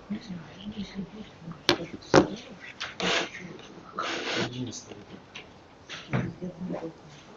Не знаю, если будет, я думаю,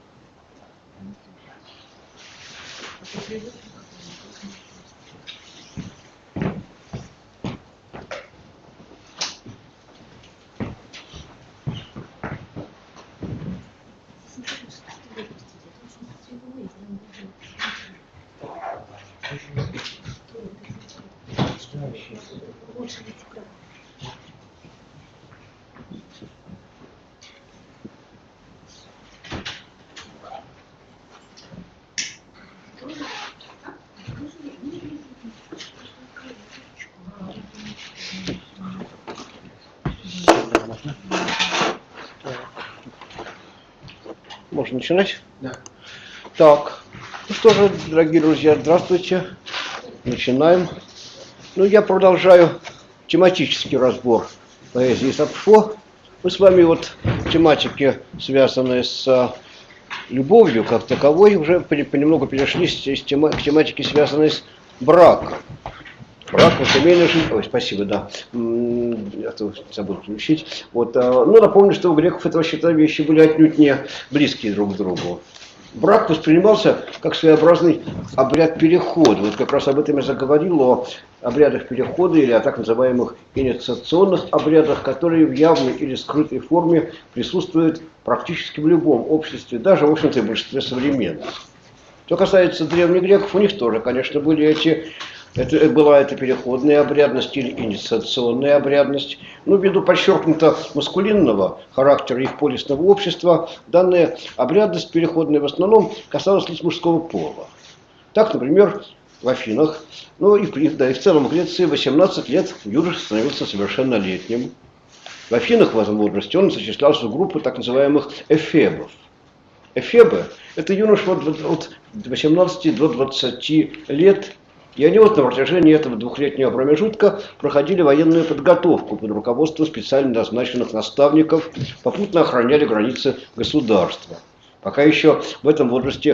Можно начинать? Да. Так, ну что же, дорогие друзья, здравствуйте. Начинаем. Ну, я продолжаю тематический разбор поэзии Сапфо. Мы с вами вот в тематике, связанной с любовью как таковой, уже понемногу перешли к тематике, связанной с браком. Брак, семейная жизнь. Ой, спасибо, да. Я забыл включить. Вот, ну, напомню, что у греков этого счета вещи были отнюдь не близкие друг к другу. Брак воспринимался как своеобразный обряд перехода. Вот как раз об этом я заговорил, о обрядах перехода или о так называемых инициационных обрядах, которые в явной или скрытой форме присутствуют практически в любом обществе, даже, в общем-то, в большинстве современных. Что касается древних греков, у них тоже, конечно, были была эта переходная обрядность или инициационная обрядность. Но ввиду подчеркнуто маскулинного характера их полисного общества, данная обрядность переходная в основном касалась лишь мужского пола. Так, например, в Афинах, ну и в целом в Греции 18 лет юноша становился совершеннолетним. В Афинах в этом возрасте он зачислялся в группу так называемых эфебов. Эфебы – это юноши от 18 до 20 лет, и они вот на протяжении этого двухлетнего промежутка проходили военную подготовку под руководством специально назначенных наставников, попутно охраняли границы государства. Пока еще в этом возрасте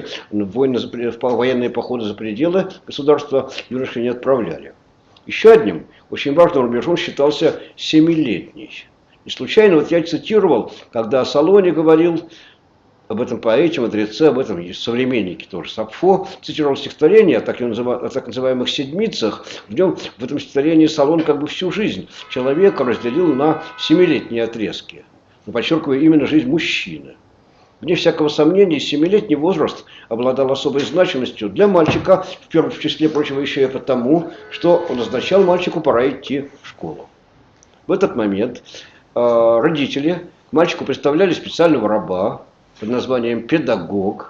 военные походы за пределы государства юноши не отправляли. Еще одним очень важным рубежом считался 7-летний. И случайно вот я цитировал, когда Солоний говорил об этом поэте, мудреце, об этом есть современники тоже. Сапфо цитировал стихотворение о так называемых седмицах. В этом стихотворении Солон как бы всю жизнь человека разделил на 7-летние отрезки. Но подчеркиваю, именно жизнь мужчины. Вне всякого сомнения, 7-летний возраст обладал особой значимостью для мальчика, в числе прочего еще и потому, что он означал мальчику пора идти в школу. В этот момент родители к мальчику представляли специального раба под названием педагог,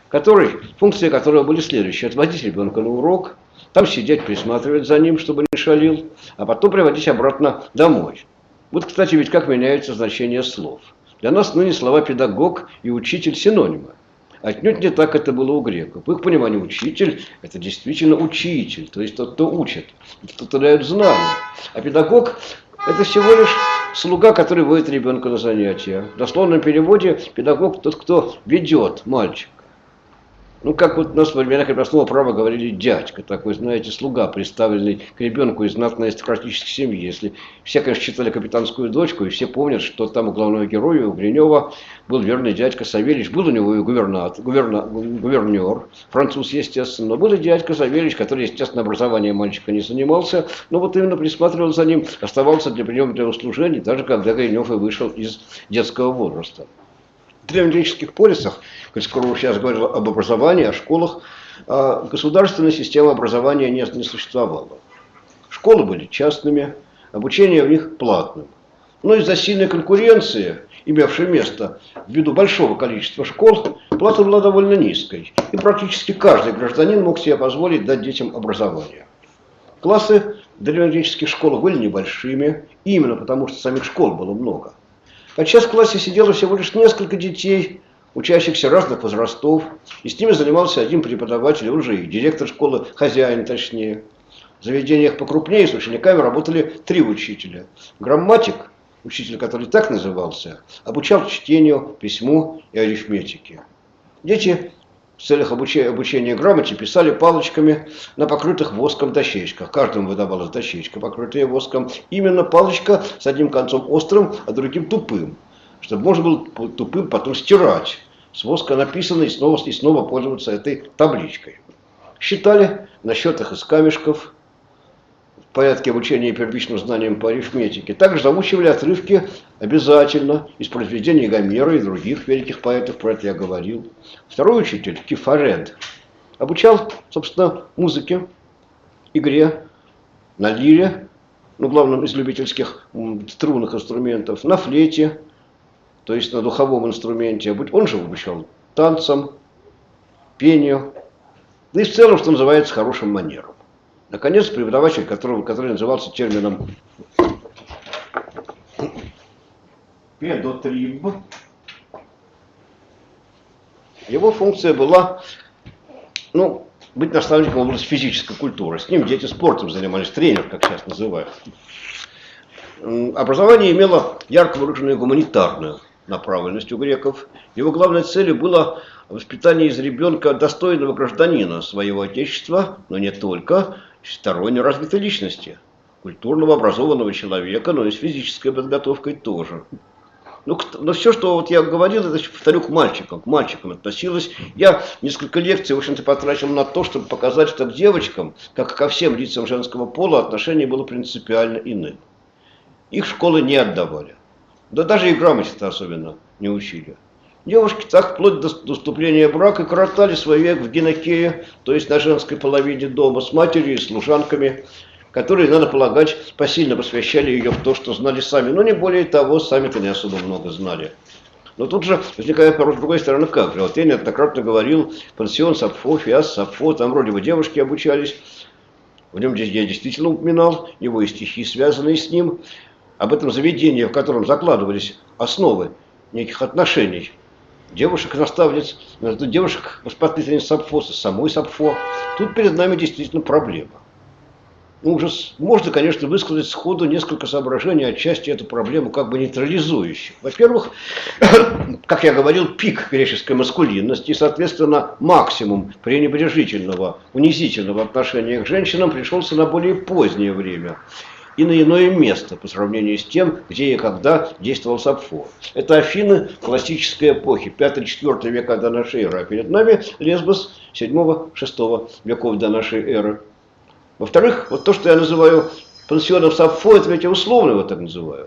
функции которого были следующие: отводить ребенка на урок, там сидеть, присматривать за ним, чтобы не шалил, а потом приводить обратно домой. Вот, кстати, ведь как меняется значение слов. Для нас ныне слова педагог и учитель синонимы. Отнюдь не так это было у греков. В их понимании учитель – это действительно учитель, то есть тот, кто учит, тот, кто дает знания. А педагог – это всего лишь слуга, который водит ребенка на занятия. В дословном переводе педагог – тот, кто ведет мальчика. Ну, как вот у нас в времена крепостного права говорили дядька, такой, знаете, слуга, представленный к ребенку из знатной аристократической семьи. Если все, конечно, читали «Капитанскую дочку», и все помнят, что там у главного героя, у Гринева, был верный дядька Савельич. Был у него и гувернер, француз, естественно, но был и дядька Савельич, который, естественно, образованием мальчика не занимался, но вот именно присматривал за ним, оставался для приема для услужений, даже когда Гринев и вышел из детского возраста. В древнегреческих полисах, коль скоро сейчас говорил об образовании, о школах, государственная система образования не существовала. Школы были частными, обучение в них платным. Но из-за сильной конкуренции, имевшей место ввиду большого количества школ, плата была довольно низкой. И практически каждый гражданин мог себе позволить дать детям образование. Классы в древнегреческих школах были небольшими, именно потому что самих школ было много. Подчас в классе сидело всего лишь несколько детей, учащихся разных возрастов, и с ними занимался один преподаватель, он же и директор школы, хозяин точнее. В заведениях покрупнее с учениками работали 3 учителя. Грамматик, учитель, который так назывался, обучал чтению, письму и арифметике. Дети в целях обучения грамоте писали палочками на покрытых воском дощечках. Каждому выдавалась дощечка, покрытая воском. Именно палочка с одним концом острым, а другим тупым. Чтобы можно было тупым потом стирать с воска написано и снова пользоваться этой табличкой. Считали на счетах из камешков, в порядке обучения первичным знаниям по арифметике. Также заучивали отрывки обязательно из произведений Гомера и других великих поэтов, про это я говорил. Второй учитель, Кефаред, обучал, собственно, музыке, игре на лире, ну, главном из любительских струнных инструментов, на флейте, то есть на духовом инструменте. Он же обучал танцам, пению, да и в целом, что называется, хорошим манерам. Наконец, преподаватель, который назывался термином педотриб, его функция была, ну, быть наставником в области физической культуры. С ним дети спортом занимались, тренер, как сейчас называют. Образование имело ярко выраженную гуманитарную направленность у греков. Его главной целью было воспитание из ребенка достойного гражданина своего отечества, но не только, всесторонне развитой личности, культурного образованного человека, но и с физической подготовкой тоже. Но все, что вот я говорил, это, повторю, к мальчикам относилось. Я несколько лекций, в общем-то, потратил на то, чтобы показать, что к девочкам, как и ко всем лицам женского пола, отношение было принципиально иным. Их школы не отдавали. Да даже и грамоте-то особенно не учили. Девушки так вплоть до вступления в брак и коротали свой век в гинекее, то есть на женской половине дома, с матерью и служанками, которые, надо полагать, посильно посвящали ее в то, что знали сами. Но не более того, сами-то не особо много знали. Но тут же возникает вопрос с другой стороны, как же. Вот я неоднократно говорил, пансион Сапфо, Фиас Сапфо, там вроде бы девушки обучались. В нем я действительно упоминал его и стихи, связанные с ним. Об этом заведении, в котором закладывались основы неких отношений девушек-наставниц, девушек-воспитательниц Сапфо, самой Сапфо. Тут перед нами действительно проблема. Ну, уже можно, конечно, высказать сходу несколько соображений, отчасти эту проблему как бы нейтрализующих. Во-первых, как я говорил, пик греческой маскулинности и, соответственно, максимум пренебрежительного, унизительного отношения к женщинам пришелся на более позднее время и на иное место по сравнению с тем, где и когда действовал Сапфо. Это Афины классической эпохи, 5-4 века до нашей эры, а перед нами Лесбос 7-6 веков до нашей эры. Во-вторых, вот то, что я называю пансионом Сапфо, это ведь я условно его так называю.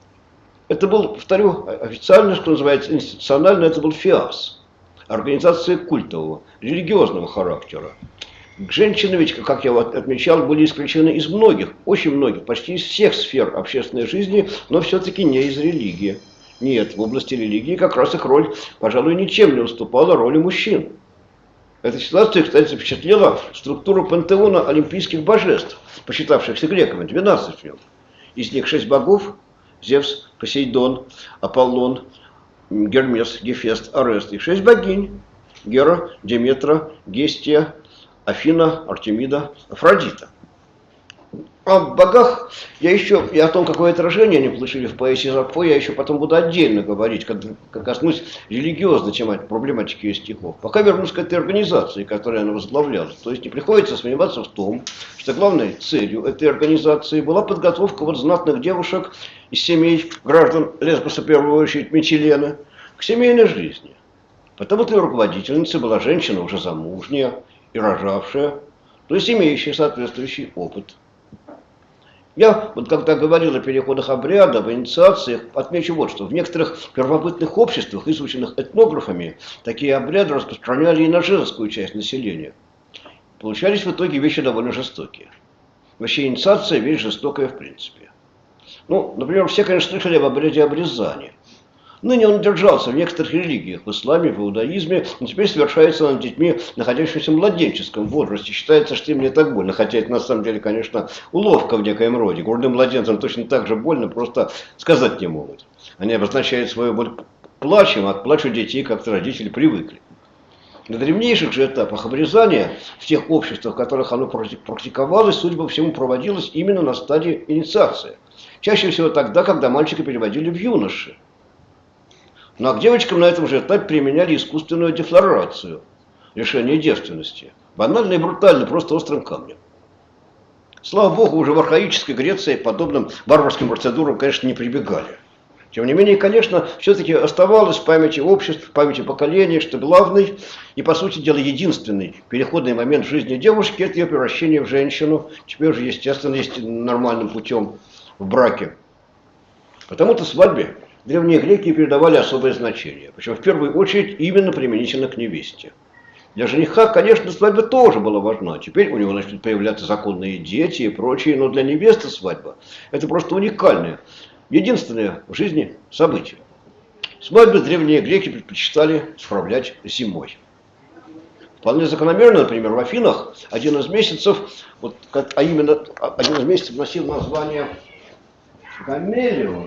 Это был, повторю, официально, что называется, институционально, это был ФИАС, организация культового, религиозного характера. Женщины ведь, как я отмечал, были исключены из многих, очень многих, почти из всех сфер общественной жизни, но все-таки не из религии. Нет, в области религии как раз их роль, пожалуй, ничем не уступала роли мужчин. Эта ситуация, кстати, запечатлела структуру пантеона олимпийских божеств, посчитавшихся греками, 12 в нем. Из них 6 богов: Зевс, Посейдон, Аполлон, Гермес, Гефест, Арест. И 6 богинь: Гера, Деметра, Гестия, Афина, Артемида, Афродита. О богах и о том, какое отражение они получили в поэзии Сапфо, я еще потом буду отдельно говорить, когда коснусь религиозной проблематики ее стихов. Пока вернусь к этой организации, которую она возглавляла. То есть не приходится сомневаться в том, что главной целью этой организации была подготовка вот знатных девушек из семей граждан Лесбоса, в первую очередь Митилены, к семейной жизни. Потому-то ее руководительницей была женщина уже замужняя и рожавшая, то есть имеющая соответствующий опыт. Я, вот когда говорил о переходах обряда, об инициациях, отмечу вот что. В некоторых первобытных обществах, изученных этнографами, такие обряды распространяли и на женскую часть населения. Получались в итоге вещи довольно жестокие. Вообще инициация – вещь жестокая в принципе. Ну, например, все, конечно, слышали об обряде обрезания. Ныне он держался в некоторых религиях, в исламе, в иудаизме, но теперь совершается над детьми, находящимися в младенческом возрасте. Считается, что им не так больно, хотя это на самом деле, конечно, уловка в некоем роде. Грудным младенцам точно так же больно, просто сказать не могут. Они обозначают свою боль плачем, а к плачу детей как-то родители привыкли. На древнейших же этапах обрезания, в тех обществах, в которых оно практиковалось, судя по всему, проводилось именно на стадии инициации. Чаще всего тогда, когда мальчика переводили в юноши. Ну а к девочкам на этом же этапе применяли искусственную дефлорацию. лишения девственности. Банально и брутально, просто острым камнем. Слава богу, уже в архаической Греции к подобным варварским процедурам, конечно, не прибегали. Тем не менее, конечно, все-таки оставалось в памяти обществ, в памяти поколений, что главный и, по сути дела, единственный переходный момент в жизни девушки – это ее превращение в женщину, теперь уже, естественно, есть нормальным путем в браке. Потому-то свадьбе древние греки передавали особое значение, причем в первую очередь именно применительно к невесте. Для жениха, конечно, свадьба тоже была важна. Теперь у него начнут появляться законные дети и прочее, но для невесты свадьба – это просто уникальное, единственное в жизни событие. Свадьбы древние греки предпочитали справлять зимой. Вполне закономерно, например, в Афинах один из месяцев, один из месяцев носил название Гамелион,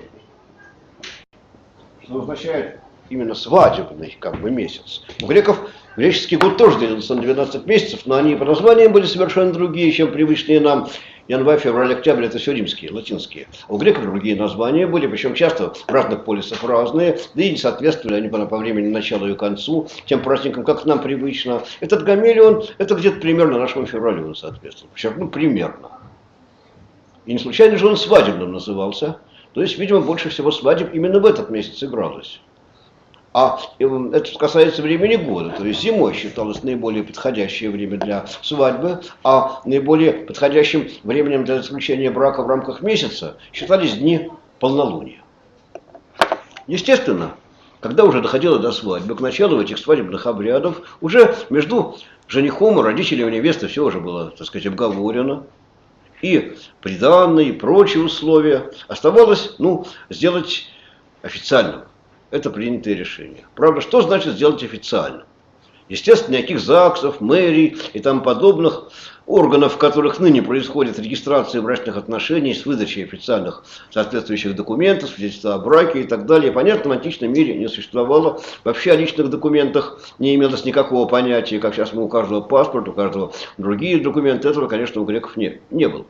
что означает именно свадебный месяц. У греков греческий год тоже делился на 12 месяцев, но они по названиям были совершенно другие, чем привычные нам. Январь, февраль, октябрь – это все римские, латинские. А у греков другие названия были, причем часто в разных полисах разные, да и не соответствовали они по времени началу и концу тем праздникам, как нам привычно. Этот Гамелион – это где-то примерно нашему февралю он соответствовал. Причем, примерно. И не случайно же он свадебным назывался. То есть, видимо, больше всего свадеб именно в этот месяц игралось. А это касается времени года, то есть зимой считалось наиболее подходящее время для свадьбы, а наиболее подходящим временем для заключения брака в рамках месяца считались дни полнолуния. Естественно, когда уже доходило до свадьбы, к началу этих свадебных обрядов, уже между женихом и родителями невесты все уже было, так сказать, обговорено. И приданные, и прочие условия оставалось, сделать официальным. Это принятое решение. Правда, что значит сделать официально? Естественно, никаких ЗАГСов, мэрий и тому подобных органов, в которых ныне происходит регистрация брачных отношений с выдачей официальных соответствующих документов, свидетельства о браке и так далее. Понятно, в античном мире не существовало. Вообще о личных документах не имелось никакого понятия, как сейчас у каждого паспорт, у каждого другие документы. Этого, конечно, у греков не было.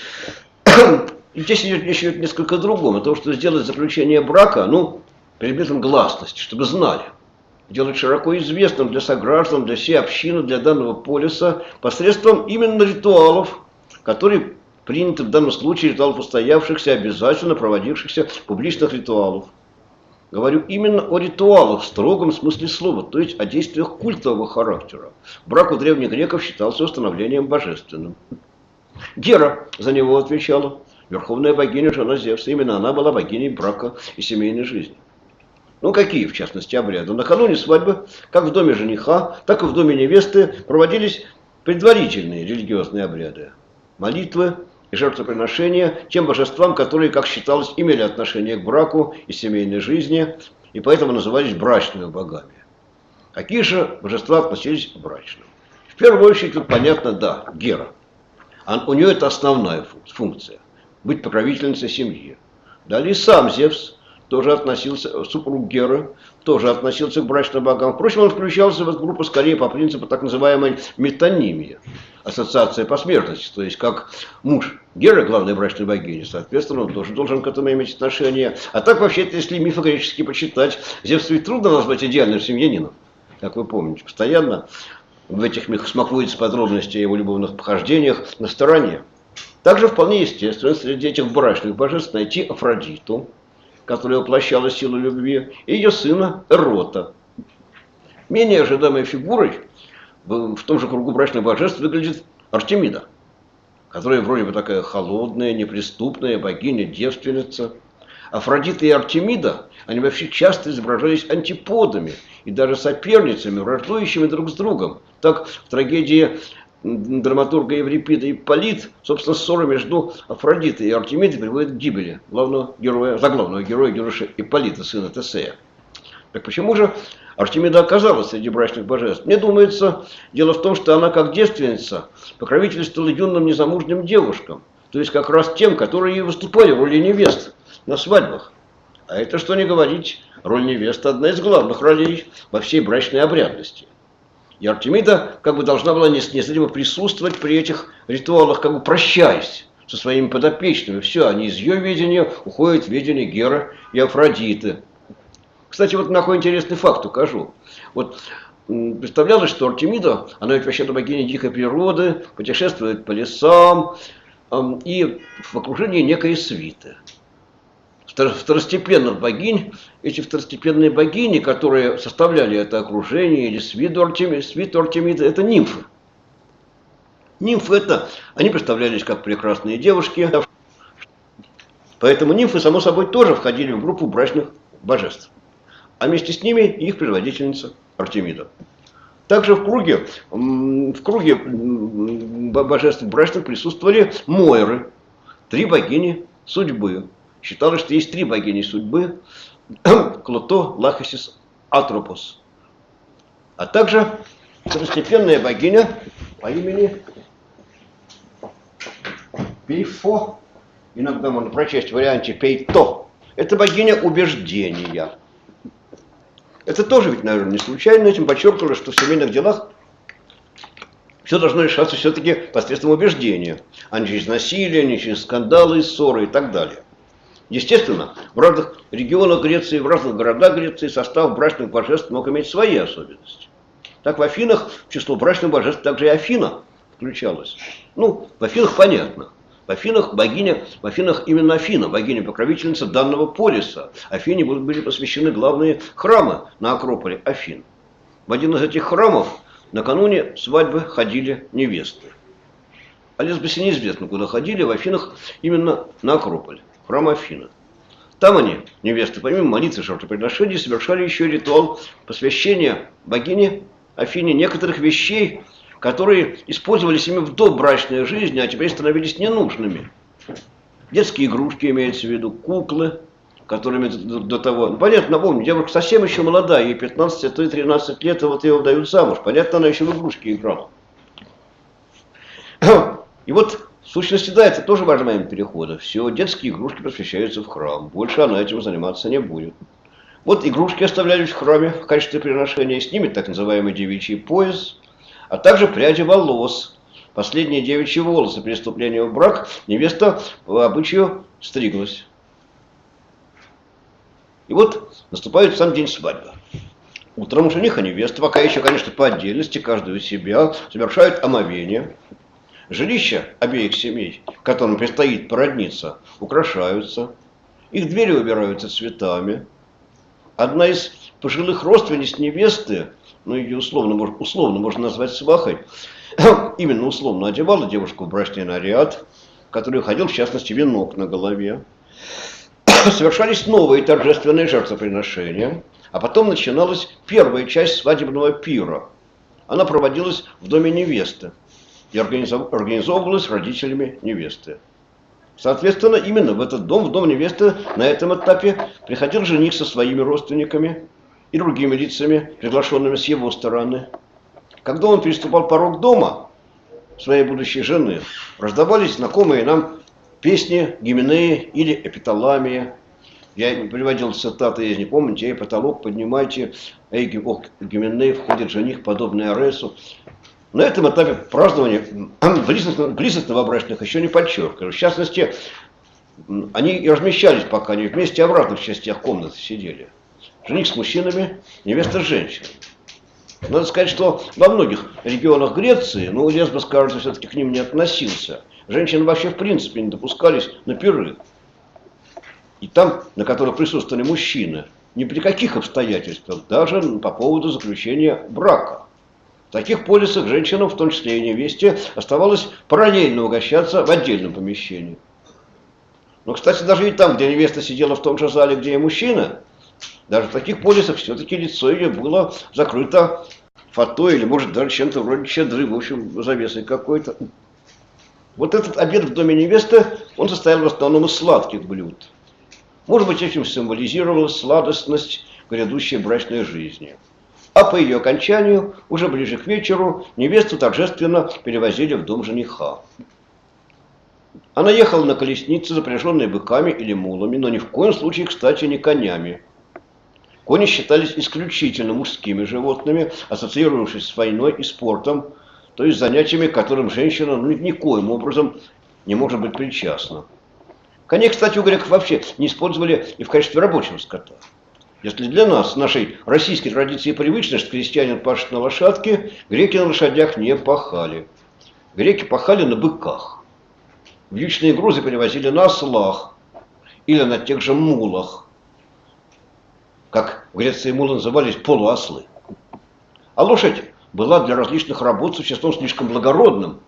И здесь речь идет несколько о другом. О том, что сделать заключение брака, предметом гласности, чтобы знали. Делать широко известным для сограждан, для всей общины, для данного полиса, посредством именно ритуалов, которые приняты в данном случае, ритуалов устоявшихся, обязательно проводившихся публичных ритуалов. Говорю именно о ритуалах в строгом смысле слова, то есть о действиях культового характера. Брак у древних греков считался установлением божественным. Гера за него отвечала, верховная богиня, жена Зевса. Именно она была богиней брака и семейной жизни. Какие, в частности, обряды? Накануне свадьбы, как в доме жениха, так и в доме невесты, проводились предварительные религиозные обряды. Молитвы и жертвоприношения тем божествам, которые, как считалось, имели отношение к браку и семейной жизни, и поэтому назывались брачными богами. Какие же божества относились к брачным? В первую очередь, тут понятно, Гера. У нее это основная функция – быть покровительницей семьи. Далее сам Зевс тоже относился, супруг Геры, тоже относился к брачным богам. Впрочем, он включался в эту группу скорее по принципу так называемой метонимии, ассоциация посмертности. То есть, как муж Геры, главной брачной богини, соответственно, он тоже должен к этому иметь отношение. А так, вообще-то, если мифы греческие почитать, Зевса ведь трудно назвать идеальным семьянином, как вы помните. Постоянно в этих мифах смакуются подробности о его любовных похождениях на стороне. Также вполне естественно среди этих брачных божеств найти Афродиту, которая воплощала силу любви, и ее сына Эрота. Менее ожидаемой фигурой в том же кругу брачных божеств выглядит Артемида, которая вроде бы такая холодная, неприступная богиня-девственница. Афродита и Артемида, они вообще часто изображались антиподами и даже соперницами, враждующими друг с другом. Так в трагедии драматурга Еврипида Ипполит, собственно, ссора между Афродитой и Артемидой приводит к гибели заглавного героя героя Ипполита, сына Тесея. Так почему же Артемида оказалась среди брачных божеств? Мне думается, дело в том, что она, как девственница, покровительствовала юным незамужним девушкам, то есть как раз тем, которые и выступали в роли невест на свадьбах. А это, что не говорить, роль невесты одна из главных ролей во всей брачной обрядности. И Артемида должна была неследимо присутствовать при этих ритуалах, прощаясь со своими подопечными. Все, они из ее видения уходят в видение Геры и Афродиты. Кстати, на какой интересный факт укажу. представлялось, что Артемида, она ведь вообще-то богиня дикой природы, путешествует по лесам и в окружении некой свиты. Второстепенных богинь, эти второстепенные богини, которые составляли это окружение или свиту Артемиды, это нимфы. Нимфы это, они представлялись как прекрасные девушки, поэтому нимфы, само собой, тоже входили в группу брачных божеств. А вместе с ними их предводительница Артемида. Также в круге божеств брачных присутствовали Мойры, 3 богини судьбы. Считалось, что есть 3 богини судьбы: Клото, Лахесис, Атропос. А также второстепенная богиня по имени Пейфо, иногда можно прочесть в варианте Пейто. Это богиня убеждения. Это тоже ведь, наверное, не случайно. Этим подчеркивалось, что в семейных делах все должно решаться все-таки посредством убеждения, а не через насилие, не через скандалы, ссоры и так далее. Естественно, в разных регионах Греции, в разных городах Греции состав брачных божеств мог иметь свои особенности. Так в Афинах в число брачных божеств также и Афина включалась. Ну, в Афинах понятно. В Афинах именно Афина, богиня-покровительница данного полиса. Афине были посвящены главные храмы на Акрополе Афин. В один из этих храмов накануне свадьбы ходили невесты. А лесбисы неизвестно, куда ходили, в Афинах именно на Акрополе, храм Афина. Там они, невесты, помимо молитвы и жертвоприношений, совершали еще ритуал посвящения богине Афине некоторых вещей, которые использовались ими в добрачной жизни, а теперь становились ненужными. Детские игрушки имеются в виду, куклы, которыми до того... Ну, понятно, напомню, девушка совсем еще молодая, ей 15, а то и 13 лет, и вот ее выдают замуж. Понятно, она еще в игрушки играла. И вот, в сущности, да, это тоже важный момент перехода. Все, детские игрушки посвящаются в храм. Больше она этим заниматься не будет. Вот игрушки оставлялись в храме в качестве приношения, с ними так называемый девичий пояс, а также пряди волос. Последние девичьи волосы при вступлении в брак невеста по обычаю стриглась. И вот наступает сам день свадьбы. Утром жених и невеста, пока еще, конечно, по отдельности, каждый у себя, совершают омовение. Жилища обеих семей, которым предстоит породниться, украшаются. Их двери убираются цветами. Одна из пожилых родственниц невесты, ну ее условно можно назвать свахой, именно условно одевала девушку в брачный наряд, в который ходил, в частности, венок на голове. Совершались новые торжественные жертвоприношения, а потом начиналась первая часть свадебного пира. Она проводилась в доме невесты и организовывалась родителями невесты. Соответственно, именно в этот дом, в дом невесты, на этом этапе приходил жених со своими родственниками и другими лицами, приглашенными с его стороны. Когда он переступал порог дома своей будущей жены, раздавались знакомые нам песни, гименеи или эпиталамия. Я приводил цитаты, если не помните: «Эй, потолок поднимайте, эй, гименей, входит жених, подобный Аресу». На этом этапе празднования близость новобрачных еще не подчеркивали. В частности, они и размещались пока не вместе, а в разных частях комнаты сидели. Жених с мужчинами, невеста с женщинами. Надо сказать, что во многих регионах Греции, ну, Лесбос, кажется, все-таки к ним не относился. Женщины вообще в принципе не допускались на пиры. И там, на которых присутствовали мужчины, ни при каких обстоятельствах, даже по поводу заключения брака. В таких полисах женщинам, в том числе и невесте, оставалось параллельно угощаться в отдельном помещении. Но, кстати, даже и там, где невеста сидела в том же зале, где и мужчина, даже в таких полисах все-таки лицо ее было закрыто фатой или, может, даже чем-то вроде чадры, в общем, завесой какой-то. Вот этот обед в доме невесты, он состоял в основном из сладких блюд. Может быть, этим символизировалась сладостность грядущей брачной жизни. А по ее окончанию, уже ближе к вечеру, невесту торжественно перевозили в дом жениха. Она ехала на колеснице, запряженной быками или мулами, но ни в коем случае, кстати, не конями. Кони считались исключительно мужскими животными, ассоциировавшись с войной и спортом, то есть занятиями, к которым женщина никоим образом не может быть причастна. Коней, кстати, у греков вообще не использовали и в качестве рабочего скота. Если для нас, нашей российской традиции привычно, что крестьянин пашет на лошадке, греки на лошадях не пахали. Греки пахали на быках. Вьючные грузы перевозили на ослах или на тех же мулах. Как в Греции мулы назывались полуослы. А лошадь была для различных работ существом слишком благородным.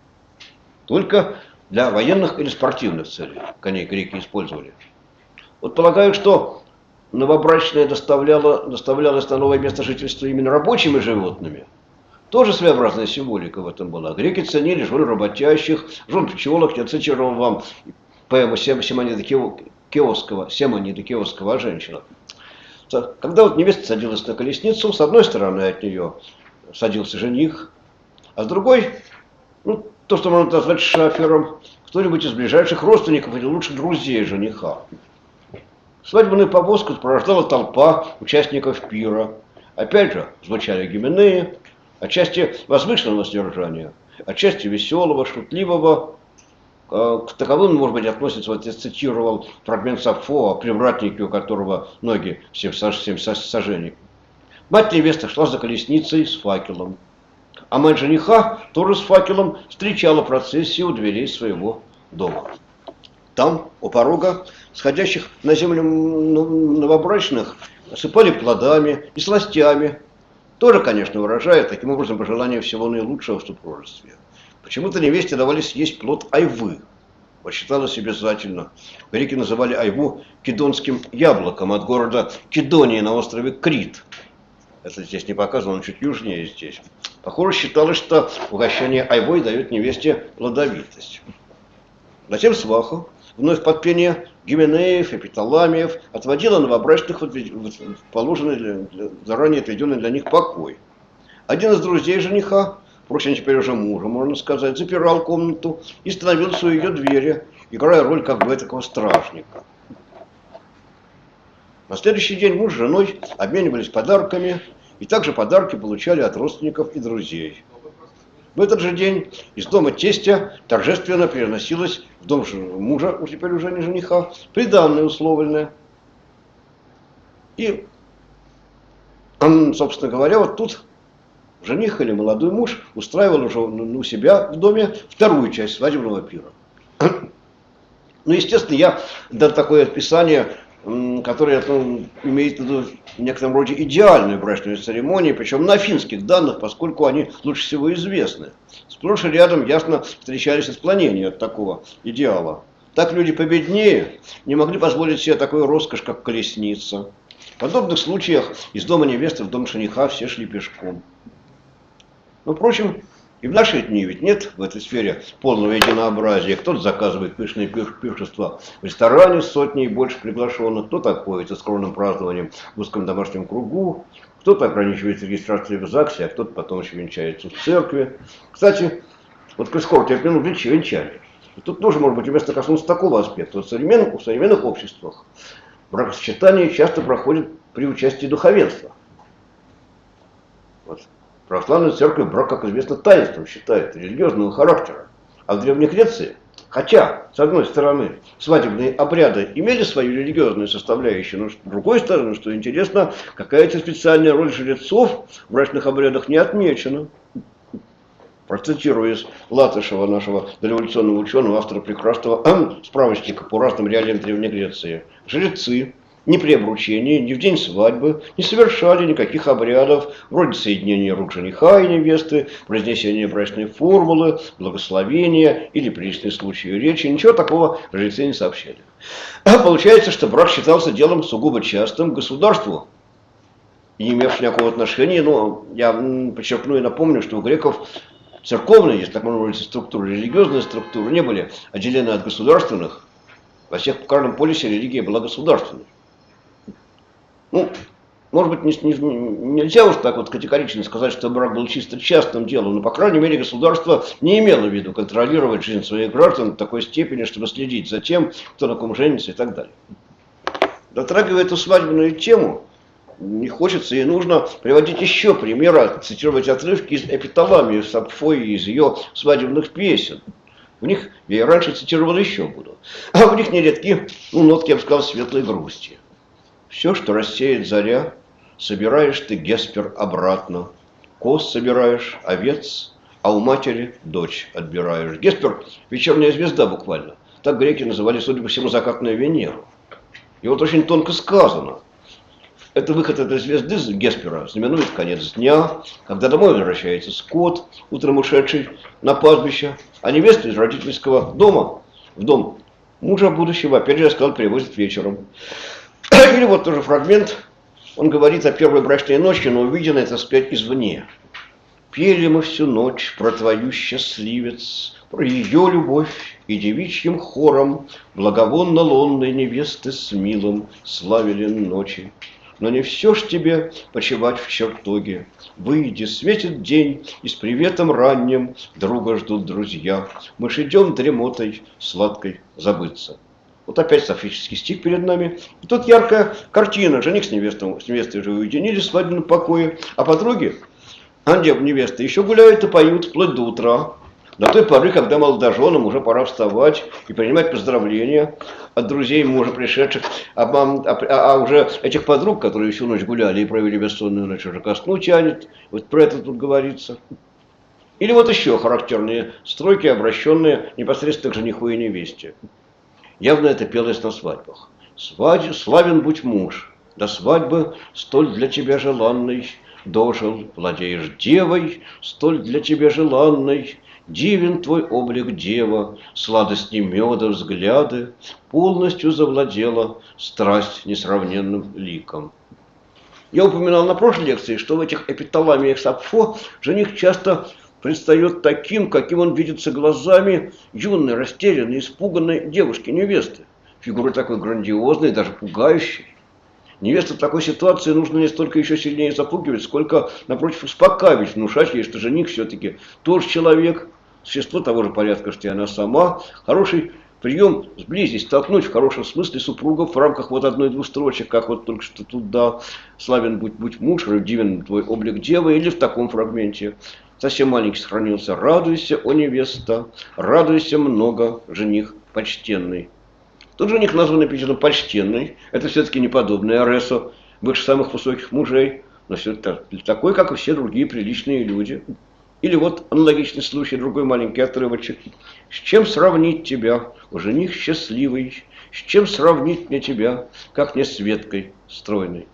Только для военных или спортивных целей коней греки использовали. Вот полагаю, что новобрачная доставлялась на новое место жительства именно рабочими животными. Тоже своеобразная символика в этом была. Греки ценили жен работящих, жен пчелок. Я цитировал вам поэму Семонида Киосского о женщинах. Когда вот невеста садилась на колесницу, с одной стороны от нее садился жених, а с другой, ну, то, что можно назвать шафером, кто-нибудь из ближайших родственников или лучше друзей жениха. Свадебную повозку сопровождала толпа участников пира. Опять же, звучали гименеи, отчасти возвышенного содержания, отчасти веселого, шутливого. К таковым, может быть, относится, вот я цитировал фрагмент Сафо о привратнике, у которого ноги 7 сажений. Мать невесты шла за колесницей с факелом, а мать жениха тоже с факелом встречала процессию у дверей своего дома. Там, у порога, сходящих на землю новобрачных, осыпали плодами и сластями. Тоже, конечно, выражая таким образом пожелание всего наилучшего в супружестве. Почему-то невесте давали съесть плод айвы. Вот считалось обязательно. Греки называли айву кидонским яблоком от города Кидонии на острове Крит. Это здесь не показано, он чуть южнее здесь. Похоже, считалось, что угощение айвой дает невесте плодовитость. Затем сваха, вновь под пение гименеев и питаламиев, отводила новобрачных в положенный, заранее отведенный для них покой. Один из друзей жениха, впрочем, теперь уже мужа, можно сказать, запирал комнату и становился у ее двери, играя роль как бы такого стражника. На следующий день муж с женой обменивались подарками, и также подарки получали от родственников и друзей. В этот же день из дома тестя торжественно переносилось в дом мужа, теперь уже не жениха, приданое условленное. И, собственно говоря, вот тут жених или молодой муж устраивал уже у себя в доме вторую часть свадебного пира. Ну, естественно, я дал такое описание, которое имеет в виду в некотором роде идеальную брачную церемонию, причем на финских данных, поскольку они лучше всего известны. Сплошь и рядом ясно встречались отклонения от такого идеала. Так люди победнее не могли позволить себе такую роскошь, как колесница. В подобных случаях из дома невесты в дом жениха все шли пешком. Но, впрочем, и в наши дни ведь нет в этой сфере полного единообразия. Кто-то заказывает пышные пиршества в ресторане с сотней и больше приглашенных, кто-то обходится скромным празднованием в узком домашнем кругу, кто-то ограничивается регистрацией в ЗАГСе, а кто-то потом еще венчается в церкви. Кстати, вот коль скоро терпим венчание. И тут тоже, может быть, уместно коснуться такого аспекта. Вот в современных обществах бракосочетание часто проходит при участии духовенства. Вот. Православная церковь брак, как известно, таинством считает, религиозного характера. А в Древней Греции, хотя, с одной стороны, свадебные обряды имели свою религиозную составляющую, но с другой стороны, что интересно, какая-то специальная роль жрецов в брачных обрядах не отмечена. Процитирую из Латышева, нашего дореволюционного ученого, автора прекрасного справочника по разным реалиям Древней Греции. Жрецы ни при обручении, ни в день свадьбы не совершали никаких обрядов, вроде соединения рук жениха и невесты, произнесения брачной формулы, благословения или приличные случаи речи. Ничего такого жрецы не сообщали. А получается, что брак считался делом сугубо частым государству, не имевшим никакого отношения. Но я подчеркну и напомню, что у греков церковные, если так можно говорить, структуры, религиозные структуры не были отделены от государственных. Во всех каждом полисе религия была государственной. Ну, может быть, нельзя уж так вот категорично сказать, что брак был чисто частным делом, но, по крайней мере, государство не имело в виду контролировать жизнь своих граждан в такой степени, чтобы следить за тем, кто на ком женится и так далее. Дотрагивая эту свадебную тему, не хочется и нужно приводить еще примеры, цитировать отрывки из эпиталамии Сапфо и из ее свадебных песен. В них, я и раньше цитировал, еще буду. А в них нередки, нотки, я бы сказал, светлой грусти. Все, что рассеет заря, собираешь ты, Геспер, обратно. Коз собираешь, овец, а у матери дочь отбираешь. Геспер – вечерняя звезда буквально. Так греки называли, судя по всему, закатную Венеру. И вот очень тонко сказано. Это выход этой звезды Геспера знаменует конец дня, когда домой возвращается скот, утром ушедший на пастбище, а невесту из родительского дома в дом мужа будущего, опять же, я сказал, привозят вечером. Или вот тоже фрагмент, он говорит о первой брачной ночи, но увиденной, так сказать, извне. Пели мы всю ночь про твою счастливец, про ее любовь и девичьим хором благовонно лунной невесты с милым славили ночи. Но не все ж тебе почивать в чертоге. Выйди, светит день, и с приветом ранним друга ждут друзья. Мы ж идем дремотой сладкой забыться. Вот опять софический стих перед нами. И тут яркая картина. Жених с невестой уже уединились в свадебном покое, а подруги, невесты, еще гуляют и поют вплоть до утра. До той поры, когда молодоженам уже пора вставать и принимать поздравления от друзей мужа пришедших, а уже этих подруг, которые всю ночь гуляли и провели бессонную ночь, уже ко сну тянет. Вот про это тут говорится. Или вот еще характерные стройки, обращенные непосредственно к жениху и невесте. Явно это пелось на свадьбах. Славен будь муж, до свадьбы столь для тебя желанный дожил, владеешь девой, столь для тебя желанной. Дивен твой облик, дева, сладости меда взгляды, полностью завладела страсть несравненным ликом. Я упоминал на прошлой лекции, что в этих эпиталамиях Сапфо жених часто предстает таким, каким он видится глазами юной, растерянной, испуганной девушки-невесты. Фигура такой грандиозной, даже пугающей. Невесту в такой ситуации нужно не столько еще сильнее запугивать, сколько, напротив, успокаивать, внушать ей, что жених все-таки тоже человек, существо того же порядка, что и она сама. Хороший прием сблизить, столкнуть в хорошем смысле супругов в рамках вот одной-двух строчек, как вот только что тут, да, славен будь муж, дивен твой облик девы, или в таком фрагменте. Совсем маленький сохранился. Радуйся, о невеста, радуйся много, жених почтенный. Тут жених назван эпитетом почтенный. Это все-таки не подобный Аресу, выше самых высоких мужей, но все-таки такой, как и все другие приличные люди. Или вот аналогичный случай, другой маленький отрывочек. С чем сравнить тебя, о жених счастливый, с чем сравнить мне тебя, как не с веткой стройной?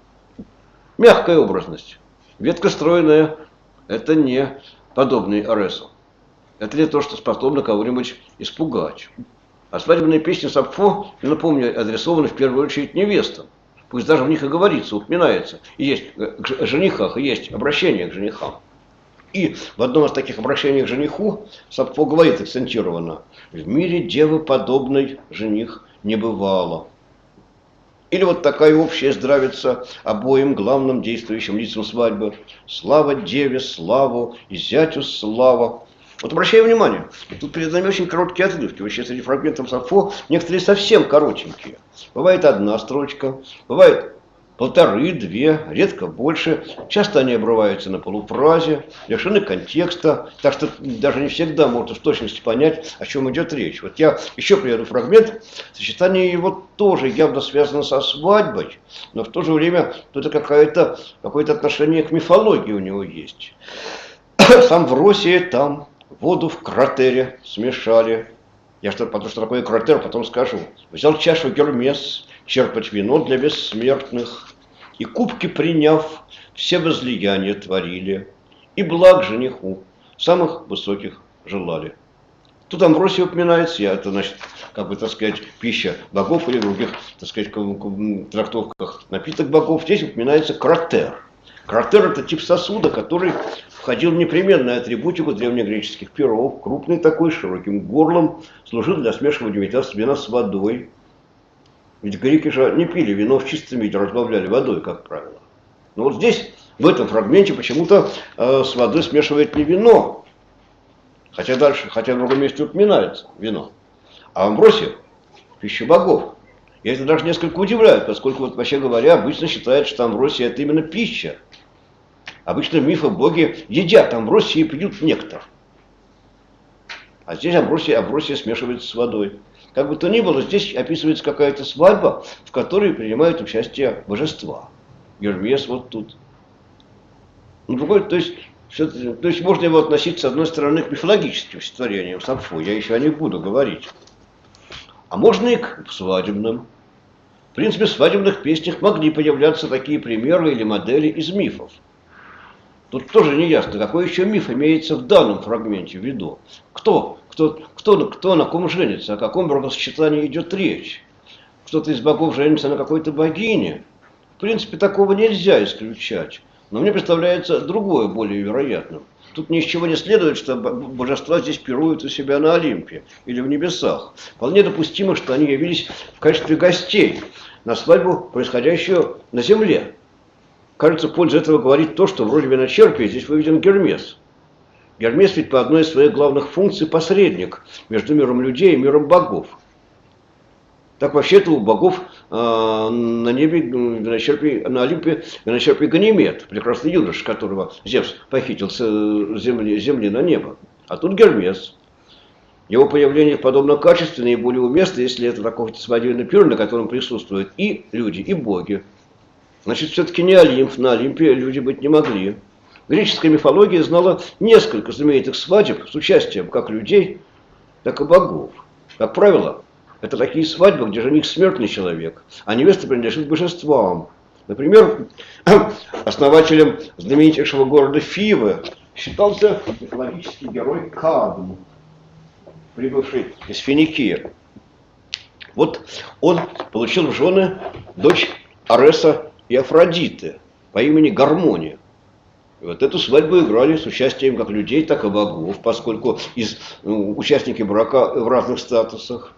Мягкая образность. Ветка стройная – это не подобный Аресу. Это не то, что способно кого-нибудь испугать. А свадебные песни Сапфо, напомню, адресованы в первую очередь невестам. Пусть даже в них и говорится, упоминается. И есть к женихах, и есть обращение к женихам. И в одном из таких обращений к жениху Сапфо говорит акцентированно: в мире девы подобной жених не бывало. Или вот такая общая здравица обоим главным действующим лицам свадьбы. Слава деве, славу, и зятю слава. Вот обращаю внимание, тут перед нами очень короткие отрывки. Вообще среди фрагментов Сапфо некоторые совсем коротенькие. Бывает одна строчка, бывает полторы, две, редко больше. Часто они обрываются на полуфразе, лишены контекста, так что даже не всегда можно в точности понять, о чем идет речь. Вот я еще приведу фрагмент. Сочетание его тоже явно связано со свадьбой, но в то же время это какое-то отношение к мифологии у него есть. Сам в России там воду в кратере смешали. Потому что такое кратер, потом скажу. Взял чашу Гермес, черпать вино для бессмертных. И кубки приняв, все возлияния творили. И благ жениху самых высоких желали. Тут Амвросий упоминается, это значит, пища богов или других, трактовках напиток богов. Здесь упоминается кратер. Кратер – это тип сосуда, который входил в непременную атрибутику древнегреческих перов. Крупный такой, с широким горлом, служил для смешивания вина с водой. Ведь греки же не пили вино в чистом виде, разбавляли водой, как правило. Но вот здесь, в этом фрагменте, почему-то с водой смешивает не вино. Хотя в другом месте упоминается вино. А Амвросий – пища богов. И это даже несколько удивляет, поскольку, вообще говоря, обычно считается, что Амвросия – это именно пища. Обычно в мифах боги едят Амвросию и пьют нектар. А здесь Амвросия смешивается с водой. Как бы то ни было, здесь описывается какая-то свадьба, в которой принимают участие божества. Гермес вот тут. Ну, то есть можно его относить, с одной стороны, к мифологическим стихотворениям Сапфо, я еще о них буду говорить. А можно и к свадебным. В принципе, в свадебных песнях могли появляться такие примеры или модели из мифов. Тут тоже не ясно, какой еще миф имеется в данном фрагменте в виду. Кто на ком женится, о каком бракосочетании идет речь. Кто-то из богов женится на какой-то богине. В принципе, такого нельзя исключать. Но мне представляется другое, более вероятным. Тут ни из чего не следует, что божества здесь пируют у себя на Олимпе или в небесах. Вполне допустимо, что они явились в качестве гостей на свадьбу, происходящую на земле. Кажется, в пользу этого говорит то, что в роли виночерпия здесь выведен Гермес. Гермес ведь по одной из своих главных функций посредник между миром людей и миром богов. Так вообще-то у богов на небе, на Олимпе виночерпий Ганимед, прекрасный юноша, которого Зевс похитил с земли на небо. А тут Гермес. Его появление подобно качественно и более уместно, если это такой свадебный пир, на котором присутствуют и люди, и боги. Значит, все-таки не Олимп, на Олимпе люди быть не могли. Греческая мифология знала несколько знаменитых свадеб с участием как людей, так и богов. Как правило, это такие свадьбы, где жених смертный человек, а невеста принадлежит божествам. Например, основателем знаменитейшего города Фивы считался мифологический герой Кадм, прибывший из Финикии. Вот он получил в жены дочь Ареса и Афродиты по имени Гармония. И вот эту свадьбу играли с участием как людей, так и богов, поскольку участники брака в разных статусах.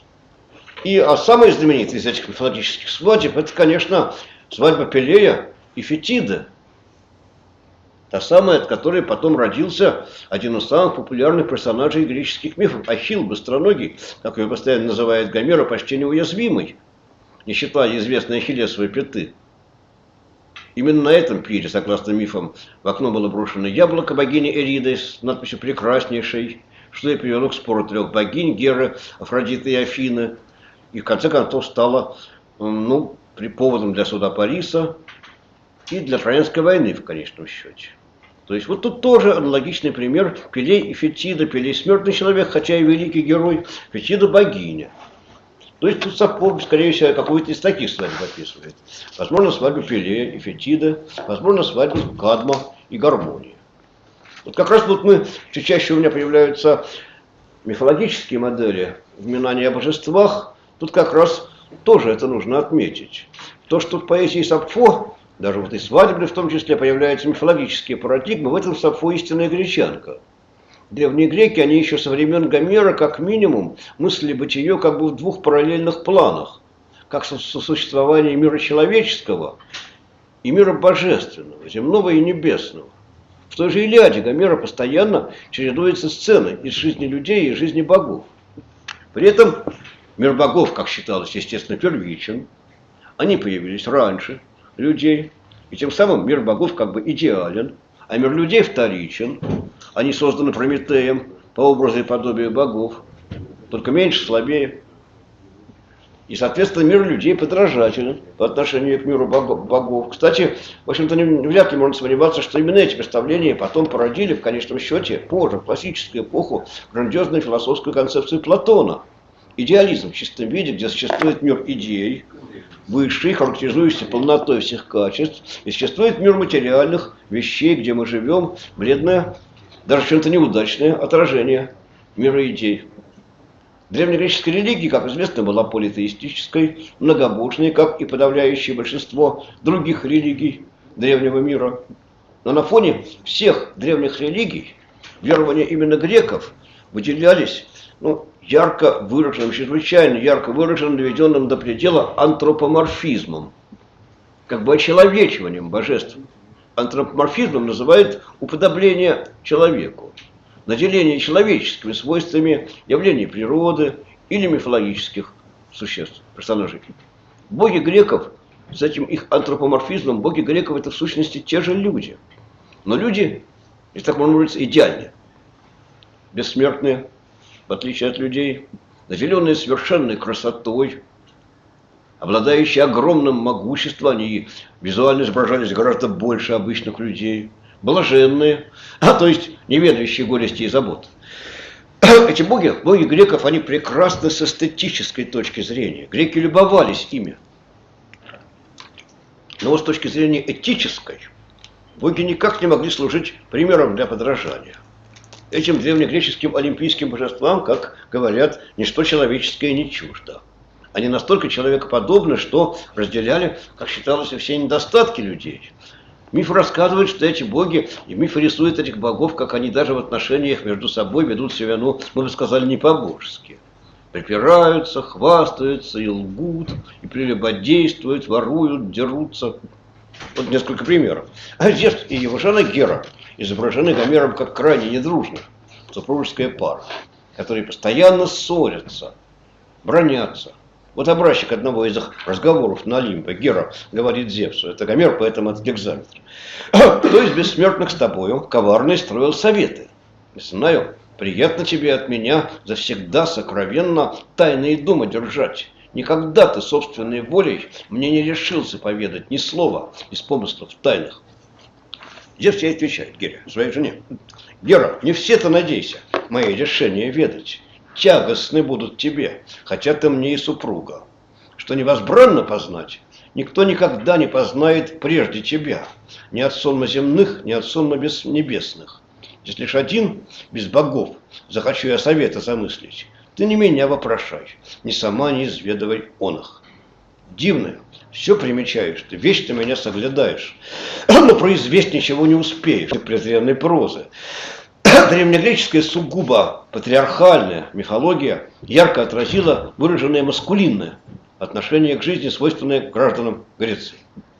А самая знаменитая из этих мифологических свадеб, это, конечно, свадьба Пелея и Фетиды. Та самая, от которой потом родился один из самых популярных персонажей греческих мифов, Ахилл Быстроногий, как его постоянно называет Гомер, почти неуязвимый, не считая известной Ахиллесовой пяты. Именно на этом пире, согласно мифам, в окно было брошено яблоко богини Эриды с надписью «Прекраснейшей», что и привело к спору трех богинь Геры, Афродиты и Афины. И в конце концов стало поводом для суда Париса и для Троянской войны в конечном счете. То есть вот тут тоже аналогичный пример: Пелей и Фетида. Пелей смертный человек, хотя и великий герой, Фетида богиня. То есть тут Сапфо, скорее всего, какую-то из таких свадеб описывает. Возможно, свадьбу Пелея и Фетида, возможно, свадьбу Кадма и Гармонии. Вот как раз все чаще у меня появляются мифологические модели упоминания о божествах. Тут как раз тоже это нужно отметить. То, что в поэзии Сапфо, даже вот и свадебной в том числе, появляются мифологические парадигмы, в этом Сапфо истинная гречанка. Древние греки, они еще со времен Гомера, как минимум, мыслили бытие как бы в двух параллельных планах. Как сосуществование мира человеческого и мира божественного, земного и небесного. В той же Илиаде Гомера постоянно чередуются сцены из жизни людей и жизни богов. При этом мир богов, как считалось, естественно, первичен. Они появились раньше людей. И тем самым мир богов как бы идеален. А мир людей вторичен. Они созданы Прометеем по образу и подобию богов. Только меньше, слабее. И, соответственно, мир людей подражателен по отношению к миру богов. Кстати, в общем-то, вряд ли можно сомневаться, что именно эти представления потом породили, в конечном счете, позже, в классическую эпоху, грандиозную философскую концепцию Платона. Идеализм в чистом виде, где существует мир идей, высший, характеризующийся полнотой всех качеств, и существует мир материальных вещей, где мы живем, бледное, даже чем-то неудачное отражение мира идей. Древнегреческая религия, как известно, была политеистической, многобожной, как и подавляющее большинство других религий древнего мира. Но на фоне всех древних религий верования именно греков выделялись ярко выраженным, чрезвычайно ярко выраженным, доведенным до предела антропоморфизмом, как бы очеловечиванием божеств. Антропоморфизмом называют уподобление человеку, наделение человеческими свойствами явлений природы или мифологических существ, персонажей. Боги греков, с этим их антропоморфизмом, боги греков это в сущности те же люди. Но люди, если так можно выразиться, идеальные, бессмертные, в отличие от людей, наделенные совершенной красотой, обладающие огромным могуществом, они визуально изображались гораздо больше обычных людей, блаженные, то есть не ведающие горести и забот. Эти боги греков, они прекрасны с эстетической точки зрения. Греки любовались ими. Но вот с точки зрения этической, боги никак не могли служить примером для подражания. Этим древнегреческим олимпийским божествам, как говорят, ничто человеческое не чуждо. Они настолько человекоподобны, что разделяли, как считалось, все недостатки людей. Миф рассказывает, что эти боги, и миф рисует этих богов, как они даже в отношениях между собой ведут себя, мы бы сказали, не по-божески. Припираются, хвастаются и лгут, и прелюбодействуют, воруют, дерутся. Вот несколько примеров. А Зевс и его жена Гера изображены Гомером как крайне недружная супружеская пара, которые постоянно ссорятся, бранятся. Вот образчик одного из их разговоров на Олимпе. Гера говорит Зевсу, это Гомер, поэтому это гекзаметр. Кто из бессмертных с тобою коварный строил советы? Не знаю, приятно тебе от меня завсегда сокровенно тайные думы держать. Никогда ты собственной волей мне не решился поведать ни слова из помыслов тайных. Зевс ей отвечает, Гере, своей жене. Гера, не все-то надейся мои решения ведать. Тягостны будут тебе, хотя ты мне и супруга. Что невозбранно познать, никто никогда не познает прежде тебя. Ни от сонма земных, ни от сонма небесных. Если лишь один, без богов, захочу я совета замыслить, ты не меня вопрошай, ни сама не изведывай он их. Дивное, все примечаешь, ты вечно меня соглядаешь, но произвесть ничего не успеешь, ты презренной прозы. Древнегреческая сугубо патриархальная мифология ярко отразила выраженное маскулинное отношение к жизни, свойственное гражданам Греции.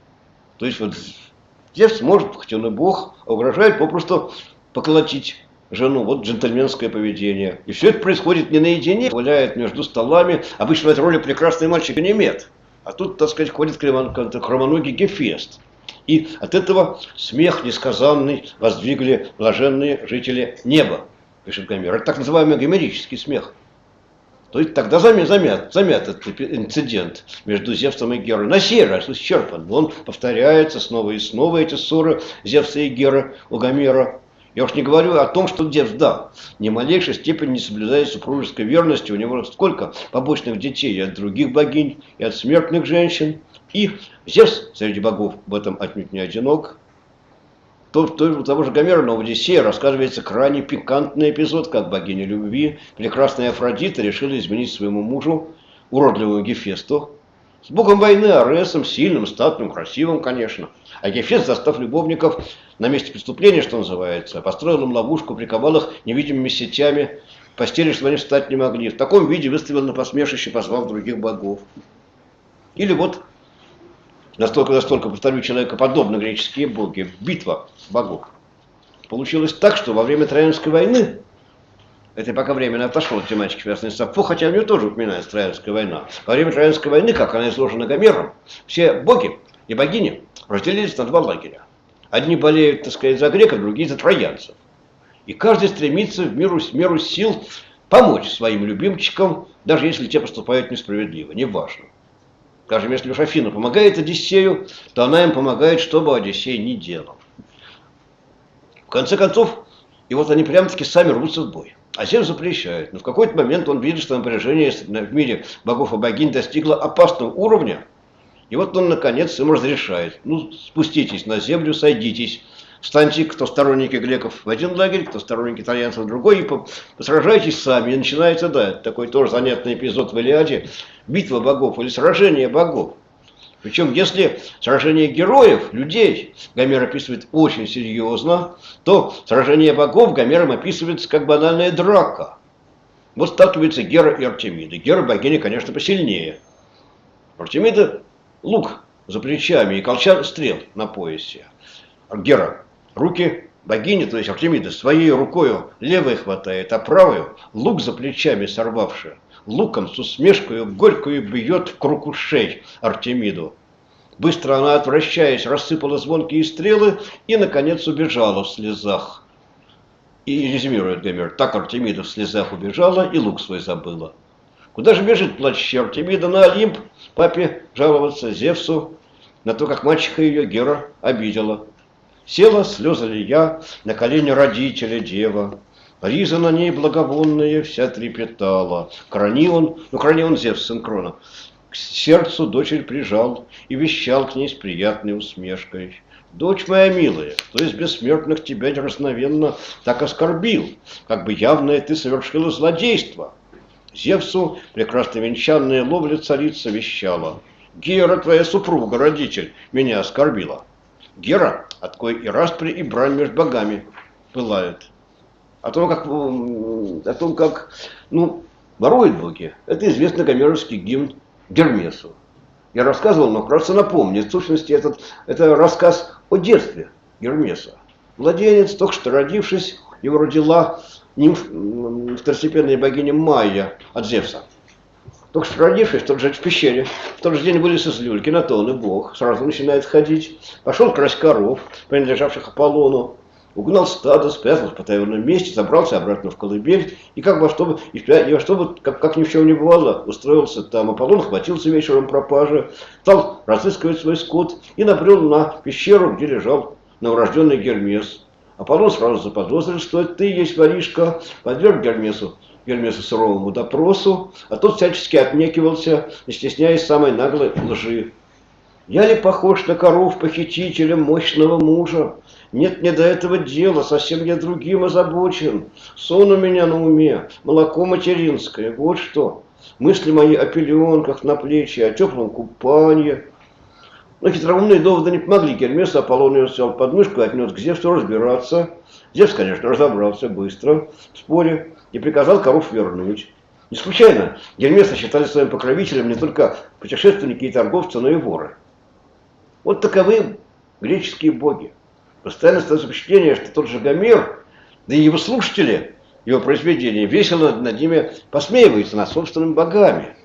То есть вот Зевс может, хоть он и бог, угрожает попросту поколотить жену. Вот джентльменское поведение. И все это происходит не наедине, гуляет между столами. Обычно в этой роли прекрасный мальчик Ганимед. А тут, так сказать, ходит хромоногий Гефест. И от этого смех несказанный воздвигли блаженные жители неба, пишет Гомер. Это так называемый гомерический смех. То есть тогда замят этот инцидент между Зевсом и Герой. На сей раз исчерпан. Он повторяется снова и снова, эти ссоры Зевса и Геры у Гомера. Я уж не говорю о том, что Зевс, да, ни малейшей степени не соблюдает супружеской верности. У него сколько побочных детей и от других богинь, и от смертных женщин. И Зевс среди богов в этом отнюдь не одинок. У того же Гомера на Одиссее рассказывается крайне пикантный эпизод, как богиня любви, прекрасная Афродита, решила изменить своему мужу, уродливому Гефесту, с богом войны Аресом, сильным, статным, красивым, конечно. А Гефест, застав любовников на месте преступления, что называется, построил им ловушку, приковал их невидимыми сетями, в постели, чтобы они встать не могли. В таком виде выставил на посмешище, позвав других богов. Или вот настолько, повторю, человекоподобны греческие боги. Битва богов. Получилось так, что во время Троянской войны, это пока временно отошло от тематики, связанной с Сапфо, хотя у нее тоже упоминается Троянская война. Во время Троянской войны, как она изложена Гомером, все боги и богини разделились на два лагеря. Одни болеют, так сказать, за греков, другие за троянцев. И каждый стремится в меру сил помочь своим любимчикам, даже если те поступают несправедливо, неважно. Скажем, если уж Афина помогает Одиссею, то она им помогает, что бы Одиссей ни делал. В конце концов, и вот они прямо-таки сами рвутся в бой. А Зевс запрещает. Но в какой-то момент он видит, что напряжение в мире богов и богинь достигло опасного уровня. И вот он, наконец, им разрешает. Ну, спуститесь на землю, сойдитесь. Встаньте, кто сторонники греков в один лагерь, кто сторонники итальянцев в другой, и посражайтесь сами. И начинается, да, такой тоже занятный эпизод в Илиаде. Битва богов или сражение богов. Причем, если сражение героев, людей, Гомер описывает очень серьезно, то сражение богов Гомером описывается как банальная драка. Вот сталкиваются Гера и Артемида. Гера богиня, конечно, посильнее. Артемида лук за плечами и колчан стрел на поясе. Гера руки богини, то есть Артемида, своей рукою левой хватает, а правую лук за плечами сорвавшая, луком с усмешкой горькую бьет в круг ушей Артемиду. Быстро она, отвращаясь, рассыпала звонкие стрелы и, наконец, убежала в слезах. И резюмирует Гомер: так Артемида в слезах убежала и лук свой забыла. Куда же бежит плач черти? Видно на Олимп папе жаловаться Зевсу на то, как мачеха ее Гера обидела. Села слезы лия на колени родителя дева. Риза на ней благовонная вся трепетала. Крани он Зевс, сын Крона, к сердцу дочерь прижал и вещал к ней с приятной усмешкой. Дочь моя милая, кто из бессмертных тебя неразновенно так оскорбил, как бы явное ты совершила злодейство? Зевсу прекрасно венчанная ловля царица вещала. Гера, твоя супруга, родитель, меня оскорбила. Гера, от кой и распри, и брань между богами пылает. О том, как воруют боги, это известный гомеровский гимн Гермесу. Я рассказывал, но вкратце напомню. В сущности, это рассказ о детстве Гермеса. Младенец, только что родившись, его родила второстепенная богиня Майя от Зевса. Только что родившись, в тот же в пещере, в тот же день вылез из люльки, на то он и бог, сразу начинает ходить. Пошел красть коров, принадлежавших Аполлону, угнал стадо, спрятался в потаенном месте, забрался обратно в колыбель и как ни в чем не бывало, устроился там. Аполлон хватился вечером пропажи, стал разыскивать свой скот и набрел на пещеру, где лежал новорожденный Гермес. Аполлон сразу заподозрил, что это ты есть воришка, подверг Гермесу суровому допросу, а тот всячески отнекивался, не стесняясь самой наглой лжи. Я ли похож на коров похитителя мощного мужа? Нет мне до этого дела, совсем я другим озабочен. Сон у меня на уме, молоко материнское, вот что. Мысли мои о пеленках на плечи, о теплом купании. Но хитроумные доводы не помогли Гермесу. Аполлон ее взял под мышку и отнес к Зевсу разбираться. Зевс, конечно, разобрался быстро в споре и приказал коров вернуть. Не случайно Гермеса считали своим покровителем не только путешественники и торговцы, но и воры. Вот таковы греческие боги. Постоянно остается впечатление, что тот же Гомер, да и его слушатели, его произведения, весело над ними посмеиваются над собственными богами.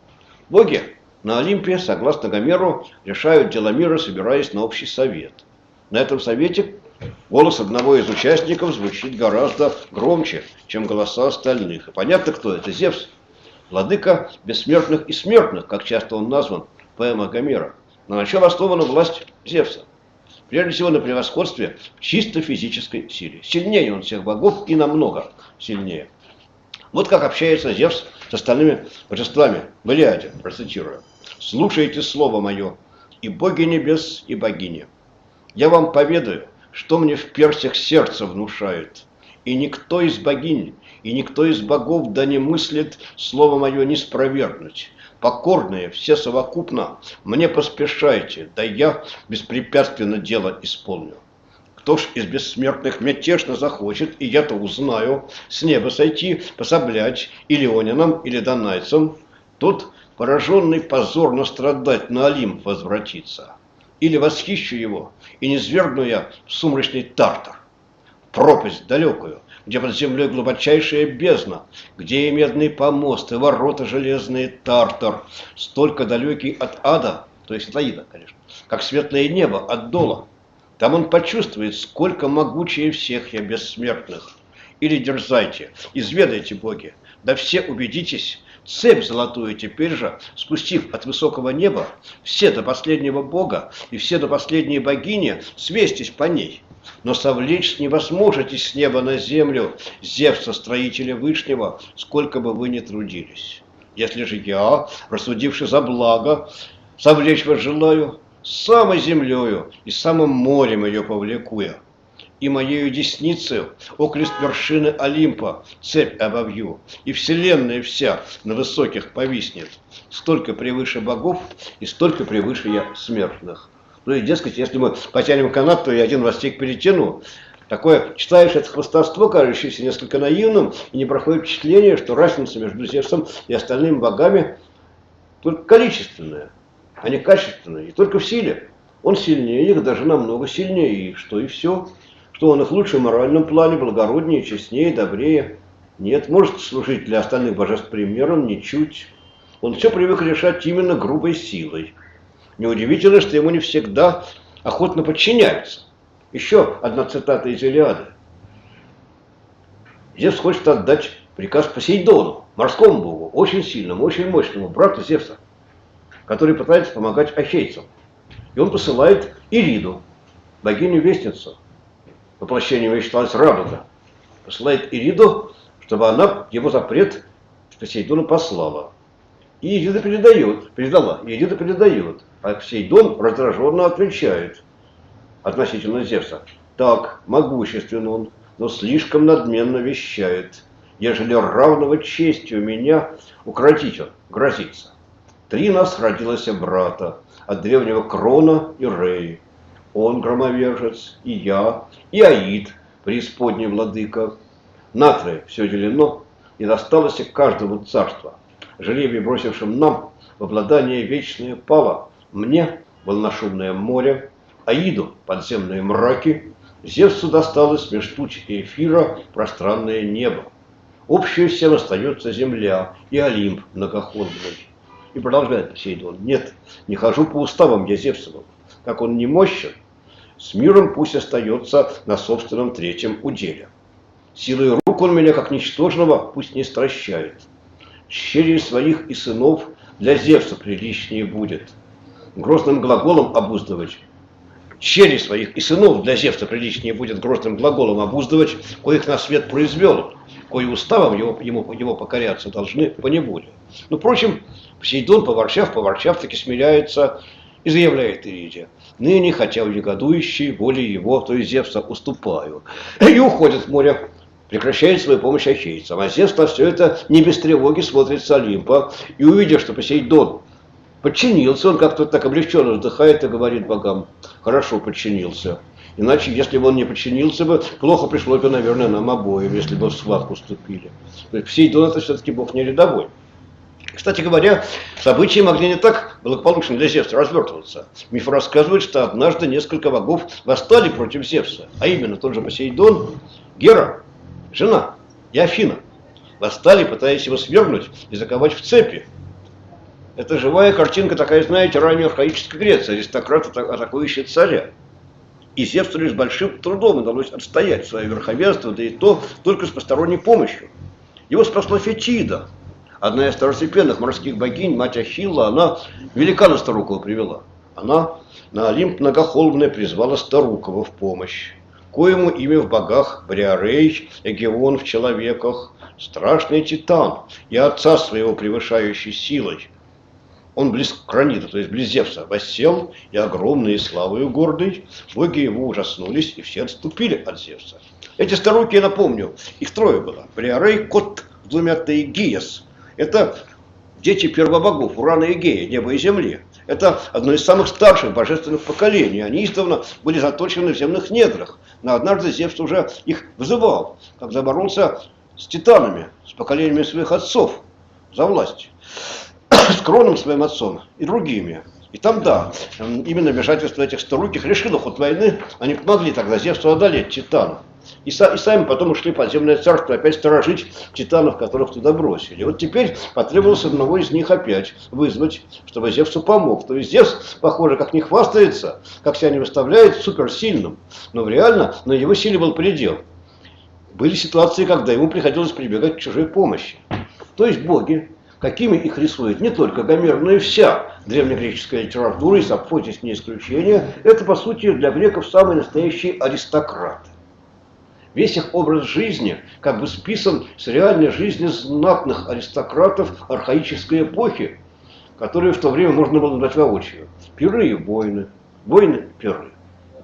Боги на Олимпе, согласно Гомеру, решают дела мира, собираясь на общий совет. На этом совете голос одного из участников звучит гораздо громче, чем голоса остальных. И понятно, кто это. Зевс, владыка бессмертных и смертных, как часто он назван в поэмах Гомера. На чем основана власть Зевса? Прежде всего на превосходстве в чисто физической силе. Сильнее он всех богов и намного сильнее. Вот как общается Зевс с остальными божествами. В Илиаде, процитирую. «Слушайте слово мое, и боги небес, и богини. Я вам поведаю, что мне в персях сердце внушает. И никто из богинь, и никто из богов да не мыслит слово мое не спровергнуть. Покорные, все совокупно, мне поспешайте, да я беспрепятственно дело исполню. Кто ж из бессмертных мятежно захочет, и я-то узнаю, с неба сойти, пособлять или ионянам, или донайцам, тот, пораженный позорно страдать, на Олимп возвратится. Или восхищу его, и не свергну я в сумрачный Тартар, пропасть далекую, где под землей глубочайшая бездна, где и медные помосты, ворота железные Тартар, столько далекий от ада, то есть от Аида, конечно, как светлое небо от дола. Там он почувствует, сколько могучее всех я бессмертных. Или дерзайте, изведайте, боги, да все убедитесь, цепь золотую теперь же, спустив от высокого неба, все до последнего бога и все до последней богини, свестись по ней. Но совлечь не возможете с неба на землю Зевса, строителя Вышнего, сколько бы вы ни трудились. Если же я, рассудивши за благо, совлечь вас желаю, самой землею и самым морем ее повлеку я, и моею десницею окрест вершины Олимпа цепь обовью, и вселенная вся на высоких повиснет. Столько превыше богов и столько превыше я смертных. Ну и, дескать, если мы потянем канат, то и один востик перетяну. Такое, читаешь это хвастовство, кажущееся несколько наивным, и не проходит впечатление, что разница между Зевсом и остальными богами только количественная, а не качественная, и только в силе. Он сильнее их, даже намного сильнее, и что и все. Что он их лучше в моральном плане, благороднее, честнее, добрее. Нет, может служить для остальных божеств примером, ничуть. Он все привык решать именно грубой силой. Неудивительно, что ему не всегда охотно подчиняются. Еще одна цитата из Илиады. Зевс хочет отдать приказ Посейдону, морскому богу, очень сильному, очень мощному, брату Зевса, который пытается помогать ахейцам. И он посылает Ириду, богиню-вестницу, воплощением ее считалась Радуга, посылает Ириду, чтобы она его запрет Посейдону послала. И Ирида передала, и Ирида передает. А Посейдон раздраженно отвечает относительно Зевса. Так, могуществен он, но слишком надменно вещает. Ежели равного чести у меня укротить он грозится. 3 нас родилось брата, от древнего Крона и Реи. Он громовержец, и я, и Аид, преисподний владыка. На 3 все делено, и досталось к каждому царство. Жребий, бросившим нам в обладание вечное пало, мне волношумное море, Аиду подземные мраки, Зевсу досталось меж туч и эфира пространное небо. Общее всем остается земля и Олимп многоходный. И продолжает Посейдон. Нет, не хожу по уставам я Зевсовым. Как он не мощен, с миром пусть остается на собственном 3-м уделе. Силой рук он меня, как ничтожного, пусть не стращает. Черей своих и сынов для Зевса приличнее будет. Грозным глаголом обуздывать. Черей своих и сынов для Зевса приличнее будет грозным глаголом обуздывать, коих на свет произвел, кои уставом его покоряться должны по неволе. Но, впрочем, Посейдон, поворчав, таки смиряется и заявляет Ириде: ныне, хотя в негодующей воле его, то есть Зевса, уступаю. И уходит в море, прекращает свою помощь ахейцам. А Зевс на все это не без тревоги смотрит с Олимпа, и увидев, что Посейдон подчинился, он как-то так облегченно вздыхает и говорит богам: хорошо, подчинился. Иначе, если бы он не подчинился бы, плохо пришлось бы, наверное, нам обоим, если бы в схватку вступили. То есть Посейдон — это все-таки бог не рядовой. Кстати говоря, события могли не так благополучно для Зевса развертываться. Миф рассказывает, что однажды несколько богов восстали против Зевса, а именно тот же Посейдон, Гера, жена и Афина. Восстали, пытаясь его свергнуть и заковать в цепи. Это живая картинка такая, знаете, ранее архаической Греции, аристократ, атакующий царя. И Зевсу лишь с большим трудом удалось отстоять свое верховенство, да и то только с посторонней помощью. Его спасла Фетида, одна из второстепенных морских богинь, мать Ахилла. Она великана Старукова привела. Она на Олимп многохолмный призвала Старукова в помощь. Коему имя в богах Бриарей, Эгеон в человеках, страшный титан и отца своего превышающий силой. Он близ Кранида, то есть близ Зевса, воссел и огромный и славою гордый. Боги его ужаснулись, и все отступили от Зевса. Эти старуки, я напомню, их 3 было. Бриарей, Кот, с 2 Теигиес. Это дети первобогов, Урана и Гея, неба и земли. Это одно из самых старших божественных поколений. Они издавна были заточены в земных недрах. Но однажды Зевс уже их вызывал, когда боролся с титанами, с поколениями своих отцов за власть. С Кроном, своим отцом, и другими. И там, да, именно вмешательство этих старуких решило ход войны. Они помогли тогда Зевсу одолеть титанов. И сами потом ушли в подземное царство опять сторожить титанов, которых туда бросили. И вот теперь потребовалось одного из них опять вызвать, чтобы Зевсу помог. То есть Зевс, похоже, как не хвастается, как себя не выставляет суперсильным, но реально на его силе был предел. Были ситуации, когда ему приходилось прибегать к чужой помощи. То есть боги, какими их рисует не только Гомер, но и вся древнегреческая литература, и Сафо здесь не исключение, это, по сути, для греков самые настоящие аристократы. Весь их образ жизни как бы списан с реальной жизни знатных аристократов архаической эпохи, которые в то время можно было назвать воочию. Пиры и войны, войны – пиры.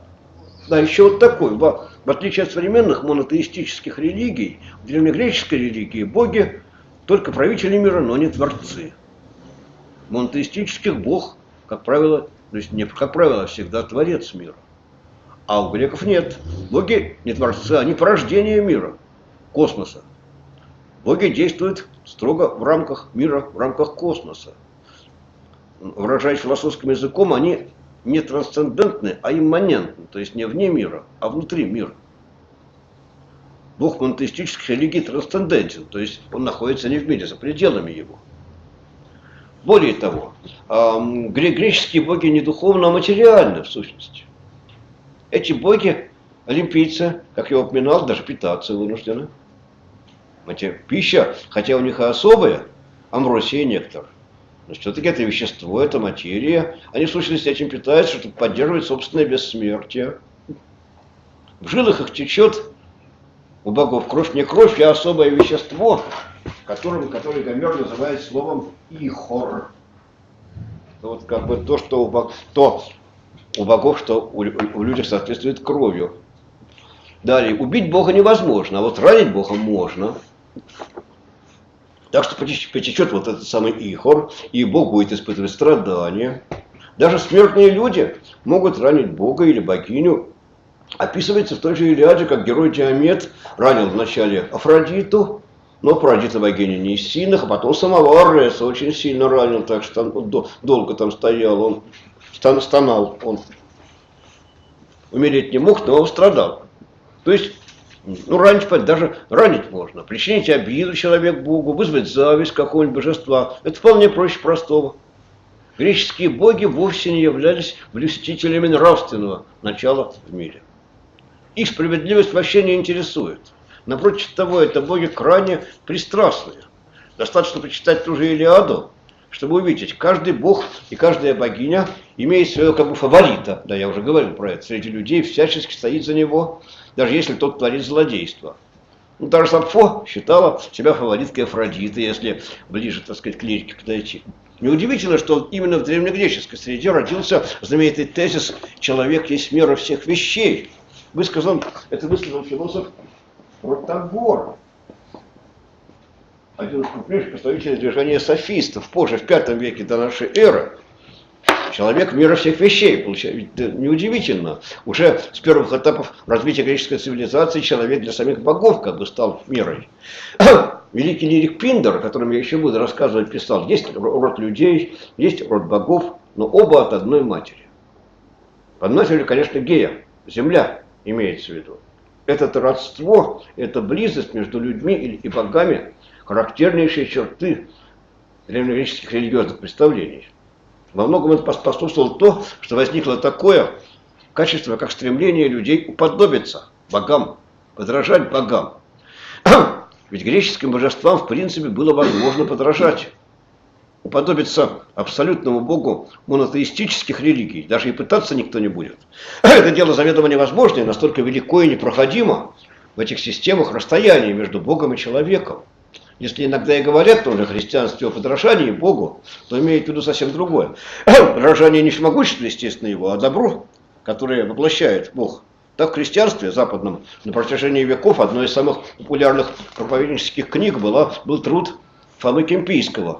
Да, еще вот такой, в отличие от современных монотеистических религий, в древнегреческой религии боги только правители мира, но не творцы. Монотеистических бог, как правило, то есть не как правило, а всегда творец мира. А у греков нет. Боги не творцы, они порождение мира, космоса. Боги действуют строго в рамках мира, в рамках космоса. Выражаясь философским языком, они не трансцендентны, а имманентны, то есть не вне мира, а внутри мира. Бог монотеистических религий трансцендентен, то есть он находится не в мире, за пределами его. Более того, греческие боги не духовно, а материальны в сущности. Эти боги, олимпийцы, как я упоминал, даже питаться вынуждены. Пища, хотя у них и особая, амбросия и нектар. Но все-таки это вещество, это материя. Они в сущности этим питаются, чтобы поддерживать собственное бессмертие. В жилах их течет у богов кровь, не кровь, а особое вещество, которое Гомер называет словом ихор. Вот как бы то, что у богов, что у людей соответствует кровью. Далее, убить Бога невозможно, а вот ранить Бога можно. Так что потечет вот этот самый ихор, и Бог будет испытывать страдания. Даже смертные люди могут ранить Бога или богиню. Описывается в той же Илиаде, как герой Диамет ранил вначале Афродиту, но Афродита богиня не из сильных, а потом самого Ареса очень сильно ранил, так что он долго там стоял, он стонал, он умереть не мог, но он страдал. То есть, даже ранить можно, причинить обиду человек Богу, вызвать зависть какого-нибудь божества. Это вполне проще простого. Греческие боги вовсе не являлись блюстителями нравственного начала в мире. Их справедливость вообще не интересует. Напротив того, это боги крайне пристрастные. Достаточно почитать ту же Илиаду, чтобы увидеть, каждый бог и каждая богиня имеет своего как бы фаворита. Да, я уже говорил про это. Среди людей всячески стоит за него, даже если тот творит злодейство. Даже Сапфо считала себя фавориткой Афродиты, если ближе, так сказать, к лирике подойти. Неудивительно, что именно в древнегреческой среде родился знаменитый тезис «человек есть мера всех вещей». Это высказал философ Протагор, один из крупнейших представителей движения софистов, позже, в V веке до нашей эры. Человек мира всех вещей, получается, неудивительно. Уже с первых этапов развития греческой цивилизации человек для самих богов как бы стал мерой. Великий лирик Пиндер, о котором я еще буду рассказывать, писал, есть род людей, есть род богов, но оба от одной матери. Под матерью, конечно, Гея, земля имеется в виду. Это родство, это близость между людьми и богами, характернейшие черты древнегреческих религиозных представлений. Во многом это способствовало то, что возникло такое качество, как стремление людей уподобиться богам, подражать богам. Ведь греческим божествам, в принципе, было возможно подражать. Уподобиться абсолютному богу монотеистических религий даже и пытаться никто не будет. Это дело заведомо невозможно и настолько велико и непроходимо в этих системах расстояние между Богом и человеком. Если иногда и говорят тоже о христианстве, о подражании Богу, то имеют в виду совсем другое. Подражание не всемогущество, естественно, его, а добро, которое воплощает Бог. Так в христианстве западном на протяжении веков одной из самых популярных проповеднических книг был труд Фомы Кемпийского,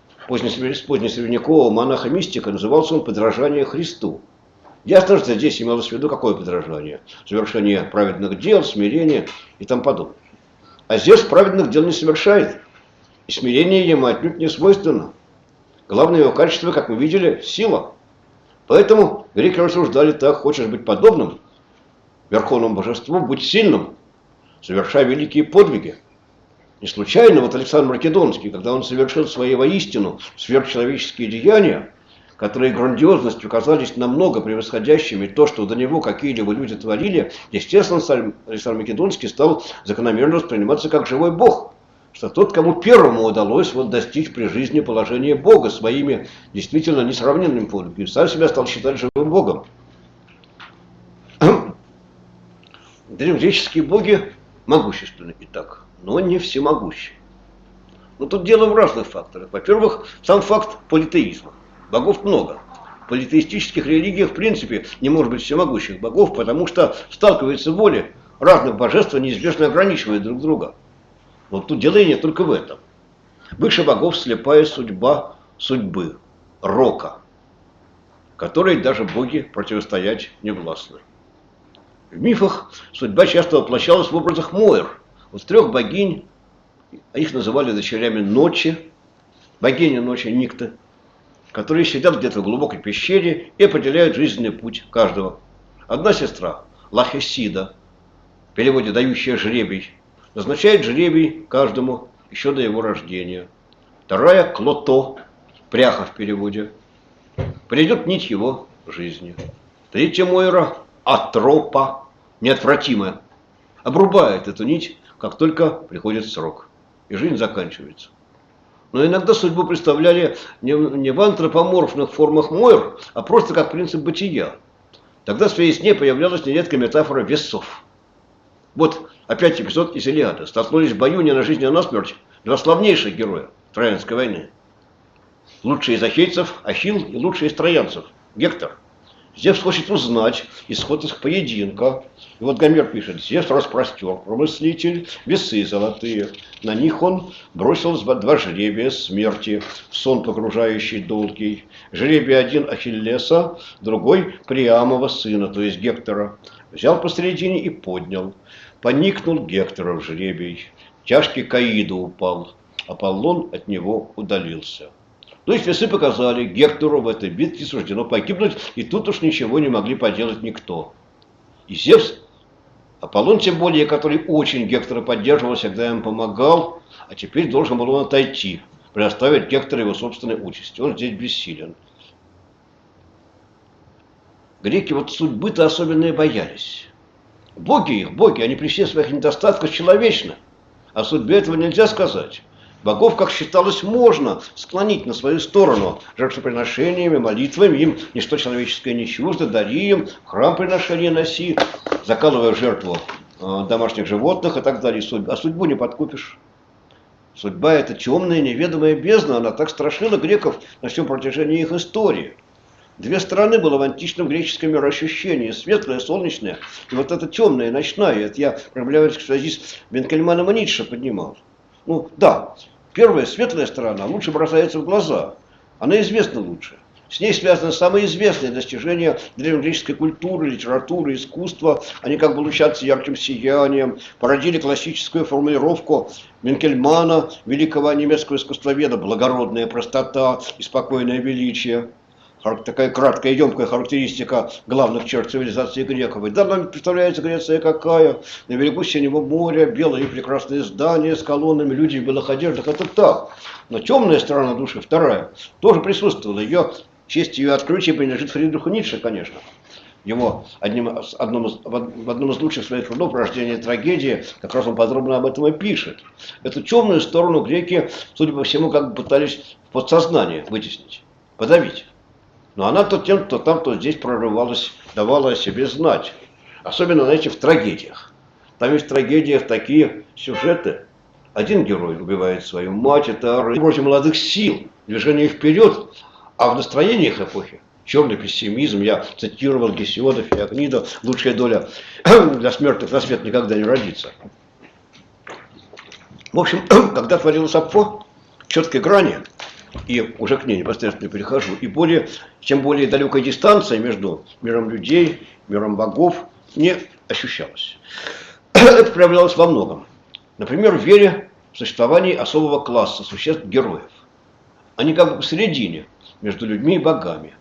позднесредневекового монаха-мистика, назывался он «Подражание Христу». Ясно, что здесь имелось в виду какое подражание? Совершение праведных дел, смирение и тому подобное. А здесь праведных дел не совершает, и смирение ему отнюдь не свойственно. Главное его качество, как мы видели, сила. Поэтому греки рассуждали так: хочешь быть подобным верховному божеству, будь сильным, совершай великие подвиги. Не случайно вот Александр Македонский, когда он совершил свои воистину сверхчеловеческие деяния, которые грандиозностью казались намного превосходящими то, что до него какие-либо люди творили, естественно, Александр Македонский стал закономерно восприниматься как живой бог, что тот, кому первому удалось достичь при жизни положения бога своими действительно несравненными подвигами, сам себя стал считать живым богом. Древнегреческие боги могущественны и так, но не всемогущи. Но тут дело в разных факторах. Во-первых, сам факт политеизма. Богов много. В политеистических религиях, в принципе, не может быть всемогущих богов, потому что сталкиваются воли разных божеств, неизбежно ограничивая друг друга. Но тут дело и не только в этом. Выше богов слепая судьба судьбы, рока, которой даже боги противостоять не властны. В мифах судьба часто воплощалась в образах Моэр. Вот 3 богинь, их называли дочерями ночи, богиня ночи Никты, которые сидят где-то в глубокой пещере и определяют жизненный путь каждого. Одна сестра, Лахесида, в переводе «дающая жребий», назначает жребий каждому еще до его рождения. Вторая, Клото, пряха в переводе, придет нить его жизни. Третья Мойра, Атропа, неотвратимая, обрубает эту нить, как только приходит срок. и жизнь заканчивается. Но иногда судьбу представляли не в антропоморфных формах Мойр, а просто как принцип бытия. Тогда в своей сне появлялась нередко метафора весов. Вот опять эпизод из Илиады. Столкнулись в бою не на жизнь, а на смерть два славнейших героя Троянской войны. Лучший из ахейцев Ахилл и лучший из троянцев Гектор. Зевс хочет узнать исход их поединка. И вот Гомер пишет: Зевс распростер, промыслитель, весы золотые. На них он бросил два жребия смерти, в сон погружающий долгий. Жребий один Ахиллеса, другой Приамова сына, то есть Гектора. Взял посредине и поднял. Поникнул Гектора в жребий. Тяжкий к Аиду упал. Аполлон от него удалился. То есть весы показали, Гектору в этой битве суждено погибнуть, и тут уж ничего не могли поделать никто. И Зевс, Аполлон тем более, который очень Гектора поддерживал, всегда им помогал, а теперь должен был он отойти, предоставить Гектору его собственной участи. Он здесь бессилен. Греки вот судьбы-то особенные боялись. Боги, они при всех своих недостатках человечны, о судьбе этого нельзя сказать. Богов, как считалось, можно склонить на свою сторону жертвоприношениями, молитвами, им ничто человеческое не чуждо, дари им, в храм приношения носи, закалывая в жертву домашних животных и так далее. А судьбу не подкупишь. Судьба – это темная, неведомая бездна, она так страшила греков на всем протяжении их истории. Две стороны было в античном греческом мироощущении: светлое, солнечное, и вот это темное, ночное. Это я проблематически в связи с Бенкельманом и Ницше поднимал. Ну да, первая светлая сторона лучше бросается в глаза, она известна лучше. С ней связаны самые известные достижения древнегреческой культуры, литературы, искусства. Они как бы лучатся ярким сиянием, породили классическую формулировку Бенкельмана, великого немецкого искусствоведа: благородная простота и спокойное величие. Такая краткая и емкая характеристика главных черт цивилизации греков. И да, нам представляется Греция какая: на берегу синего моря, белые и прекрасные здания с колоннами, люди в белых одеждах. Это так. Но темная сторона души, вторая, тоже присутствовала. Честь ее открытия принадлежит Фридриху Ницше, конечно. Его в одном из лучших своих трудов «Рождение трагедии» как раз он подробно об этом и пишет. Эту темную сторону греки, судя по всему, как бы пытались в подсознание вытеснить, подавить. Но она то тем, то там, то здесь прорывалась, давала о себе знать. Особенно, знаете, в трагедиях. Там есть в трагедиях такие сюжеты. Один герой убивает свою мать, это против молодых сил, движение вперед. А в настроениях эпохи черный пессимизм, я цитировал Гесиода, Феогнида: лучшая доля для смертных на свет никогда не родится. В общем, когда творилось Сапфо, четкой грани, и уже к ней непосредственно перехожу, и чем более далекая дистанция между миром людей, миром богов не ощущалась. Это проявлялось во многом. Например, в вере в существование особого класса существ-героев. Они как бы посередине между людьми и богами.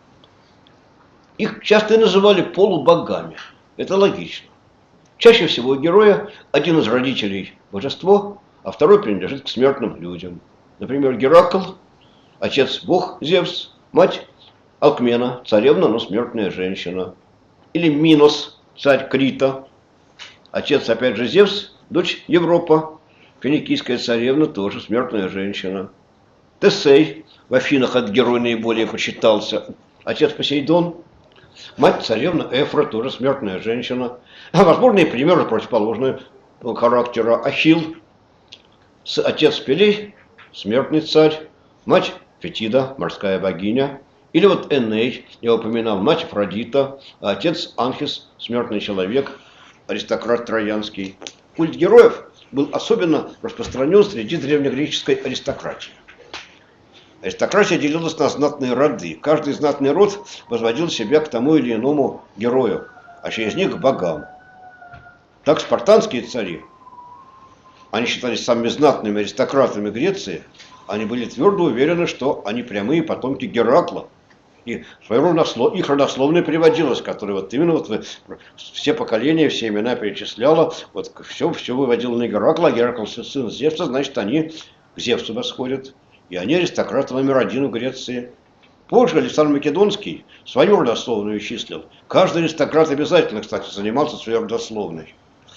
Их часто и называли полубогами. Это логично. Чаще всего у героя один из родителей – божество, а второй принадлежит к смертным людям. Например, Геракл, отец бог Зевс, мать Алкмена, царевна, но смертная женщина. Или Минос, царь Крита, отец опять же Зевс, дочь Европа, финикийская царевна, тоже смертная женщина. Тесей, в Афинах этот герой наиболее почитался, отец Посейдон, мать царевна Эфра, тоже смертная женщина. А возможно и примеры противоположного характера: Ахилл, отец Пелей, смертный царь, мать Фетида, морская богиня. Или вот Эней, я упоминал, мать Афродита, а отец Анхис, смертный человек, аристократ троянский. Культ героев был особенно распространен среди древнегреческой аристократии. Аристократия делилась на знатные роды. Каждый знатный род возводил себя к тому или иному герою, а через них к богам. Так спартанские цари, они считались самыми знатными аристократами Греции, они были твердо уверены, что они прямые потомки Геракла. И их родословное приводилось, которое вот именно вот все поколения, все имена перечисляла, вот все выводило на Геракла, а Геракл сын Зевса, значит, они к Зевсу восходят. И они аристократы номер один в Греции. Позже Александр Македонский свою родословную числил. Каждый аристократ обязательно, кстати, занимался своей родословной.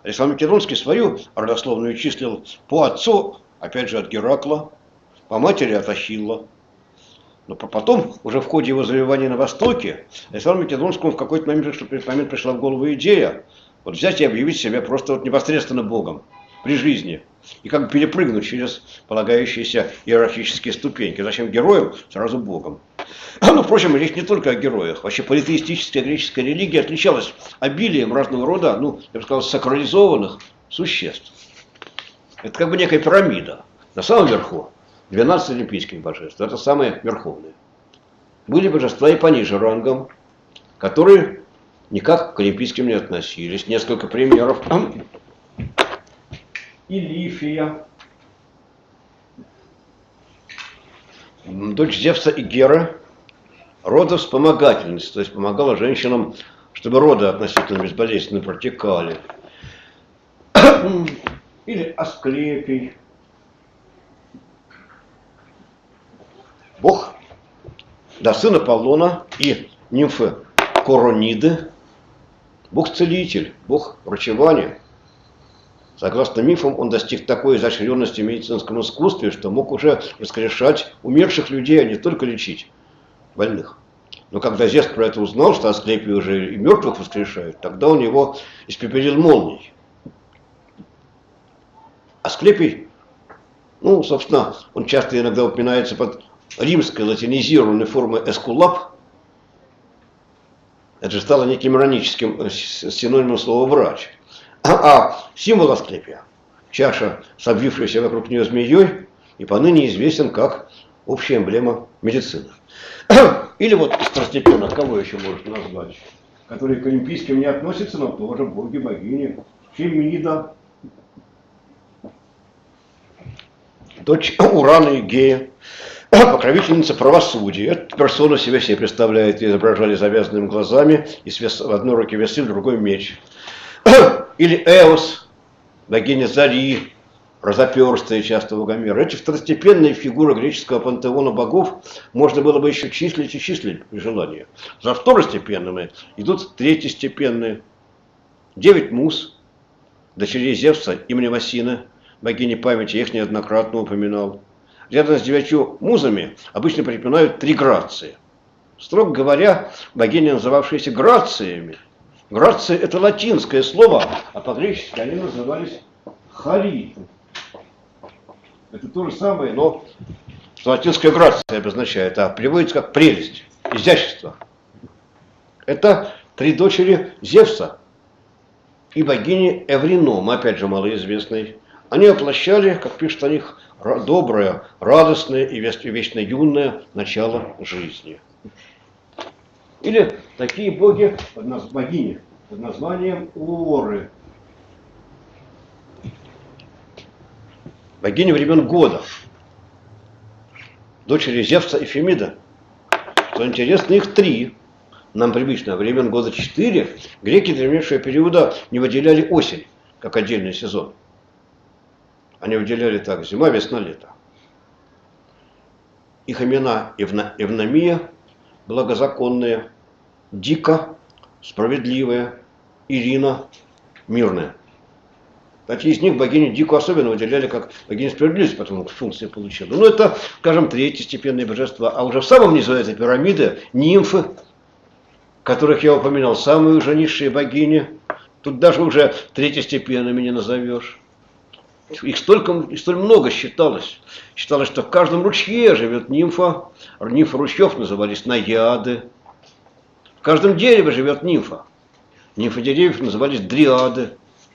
Александр Македонский свою родословную числил по отцу, опять же, от Геракла, по матери от Ахилла. Но потом, уже в ходе его завоевания на Востоке, Александру Македонскому в какой-то момент пришла в голову идея вот взять и объявить себя просто вот непосредственно Богом при жизни. И как бы перепрыгнуть через полагающиеся иерархические ступеньки. Зачем героям, сразу Богом. Ну, впрочем, речь не только о героях. Вообще политеистическая греческая религия отличалась обилием разного рода, ну, я бы сказал, сакрализованных существ. Это как бы некая пирамида. На самом верху 12 олимпийских божеств. Это самые верховные. Были божества и пониже рангом, которые никак к олимпийским не относились. Несколько примеров. Илифия, дочь Зевса и Геры, родовспомогательница, то есть помогала женщинам, чтобы роды относительно безболезненно протекали. Или Асклепий, бог, да, сын Аполлона и нимфы Корониды, бог-целитель, бог врачевания. Согласно мифам, он достиг такой изощренности в медицинском искусстве, что мог уже воскрешать умерших людей, а не только лечить больных. Но когда Зевс про это узнал, что Асклепий уже и мертвых воскрешает, тогда он его испепелил молнией. Асклепий, ну, собственно, он часто иногда упоминается под римской латинизированной формой эскулап. Это же стало неким ироническим синонимом слова «врач». А символ Асклепия, чаша с обвившейся вокруг нее змеей, и поныне известен как общая эмблема медицины. Или вот второстепенно, кого еще можно назвать, которые к олимпийским не относятся, но тоже боги, богини. Фемида, дочь Урана и Гея, покровительница правосудия. Эта персона себе представляет, изображали завязанными глазами, и в одной руке весы, в другой меч. Или Эос, богиня Зари, разоперстая часто у Гомера. Эти второстепенные фигуры греческого пантеона богов можно было бы еще числить и числить при желании. За второстепенными идут третьестепенные. 9 муз, дочерей Зевса и Мнемосины, богини памяти, я их неоднократно упоминал. Рядом с 9 музами обычно припоминают 3 грации. Строго говоря, богини, называвшиеся грациями. Грация – это латинское слово, а по-гречески они назывались хариты. Это то же самое, но что латинская грация обозначает, а переводится как прелесть, изящество. Это 3 дочери Зевса и богини Эвринома, опять же малоизвестной. Они воплощали, как пишут о них, доброе, радостное и вечно юное начало жизни. Или такие боги, богини, под названием Уоры. Богини времен года. Дочери Зевса и Фемида. Что интересно, их 3. Нам привычно, времен года 4. Греки древнейшего периода не выделяли осень, как отдельный сезон. Они выделяли так: зима, весна, лето. Их имена Евномия, благозаконная, Дика, справедливая, Ирина, мирная. Кстати, из них богиню Дику особенно выделяли как богиню справедливости, потому что функции получила. Ну, это, скажем, третьестепенные божества. А уже в самом низу этой пирамиды нимфы, которых я упоминал, самые уже низшие богини. Тут даже уже третьестепенными не назовешь. Их столь много считалось. Считалось, что в каждом ручье живет нимфа. Нимфы ручьев назывались наяды. В каждом дереве живет нимфа. Нимфы деревьев назывались дриады.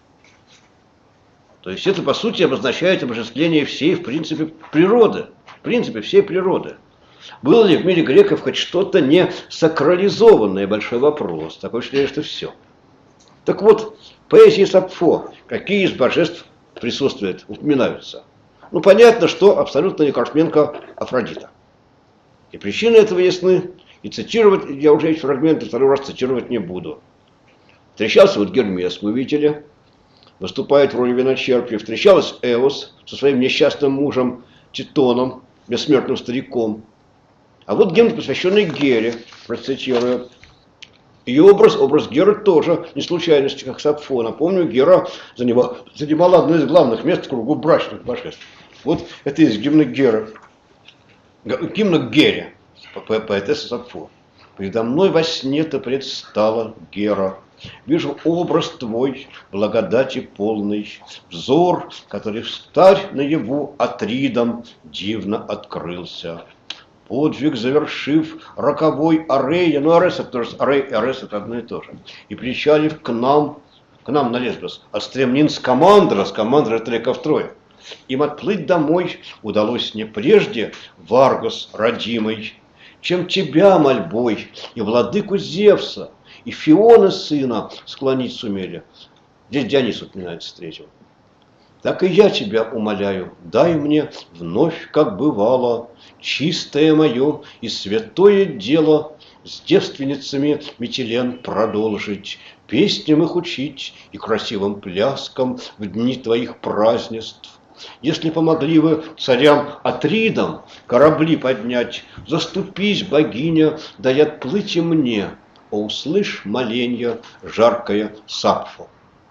То есть это, по сути, обозначает обожествление всей, в принципе, природы. В принципе, всей природы. Было ли в мире греков хоть что-то не сакрализованное? Большой вопрос. Такое ощущение, что все. Так вот, в поэзии Сапфо какие из божеств присутствуют, упоминаются? Ну, понятно, что абсолютно не Карпменко Афродита. И причины этого ясны. И цитировать, я уже эти фрагменты второй раз цитировать не буду. Встречался вот Гермес, мы видели, выступает в роли виночерпия. Встречалась Эос со своим несчастным мужем Титоном, бессмертным стариком. А вот гимн, посвященный Гере, процитирую. Ее образ Геры тоже не случайность, как Сапфо. Напомню, Гера занимала одно из главных мест в кругу брачных божеств. Вот это из гимна Геры. Гимна к Гере, поэтесса Сапфо. «Предо мной во сне ты предстала, Гера. Вижу образ твой, благодати полный, взор, который встарь наяву Атридом дивно открылся. Подвиг завершив роковой Арея, ну Арес это тоже, Арес это одно и то же, и причалив к нам на Лесбос, от стремнин с Командра это река Троя. Им отплыть домой удалось не прежде, Варгос родимый, чем тебя мольбой и владыку Зевса, и Фиона сына склонить сумели. Здесь Дионис упоминается третьего. Так и я тебя умоляю, дай мне вновь, как бывало, чистое мое и святое дело с девственницами Митилен продолжить, песням их учить и красивым пляскам в дни твоих празднеств. Если помогли вы царям Атридам корабли поднять, заступись, богиня, дай отплыть и мне, о, услышь моленья жаркое Сапфо.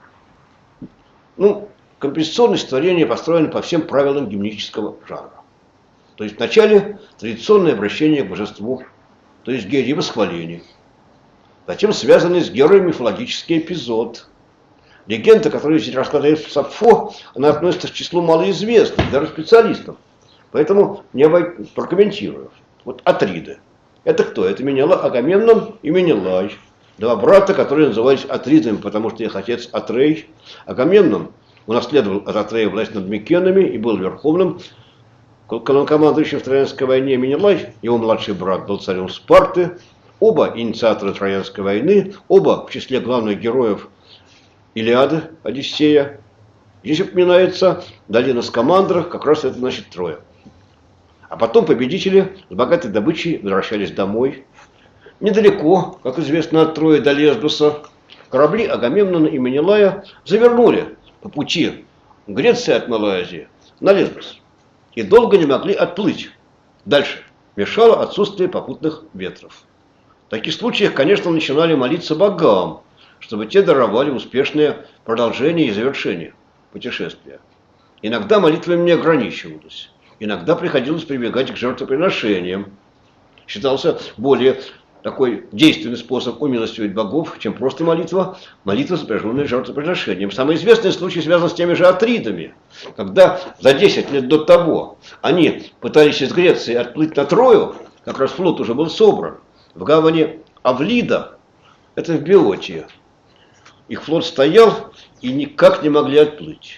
Ну, композиционное стихотворение построено по всем правилам гимнического жанра. То есть вначале традиционное обращение к божеству, то есть Гере и восхваление. Затем связанный с Герой мифологический эпизод. Легенда, которую здесь рассказывает Сапфо, она относится к числу малоизвестных, даже специалистов. Поэтому не прокомментирую. Вот Атриды. Это кто? Это Агамемнон и Менелай. Два брата, которые назывались Атридами, потому что их отец Атрей. Агамемнон унаследовал от Атрея власть над Микенами и был верховным главнокомандующим в Троянской войне. Менелай, его младший брат, был царем Спарты. Оба инициаторы Троянской войны, оба в числе главных героев Илиады, Одиссея. Здесь упоминается долина Скамандра, как раз это значит Троя. А потом победители с богатой добычей возвращались домой. Недалеко, как известно, от Трои до Лесбоса, корабли Агамемнона и Менелая завернули по пути Греции от Малой Азии на Лесбос. И долго не могли отплыть. Дальше мешало отсутствие попутных ветров. В таких случаях, конечно, начинали молиться богам, чтобы те даровали успешное продолжение и завершение путешествия. Иногда молитвами не ограничивалось. Иногда приходилось прибегать к жертвоприношениям. Считался более такой действенный способ умилостивить богов, чем просто молитва, сопряженная с жертвоприношением. Самый известный случай связан с теми же Атридами, когда за 10 лет до того они пытались из Греции отплыть на Трою, как раз флот уже был собран, в гавани Авлида, это в Биотии. Их флот стоял и никак не могли отплыть.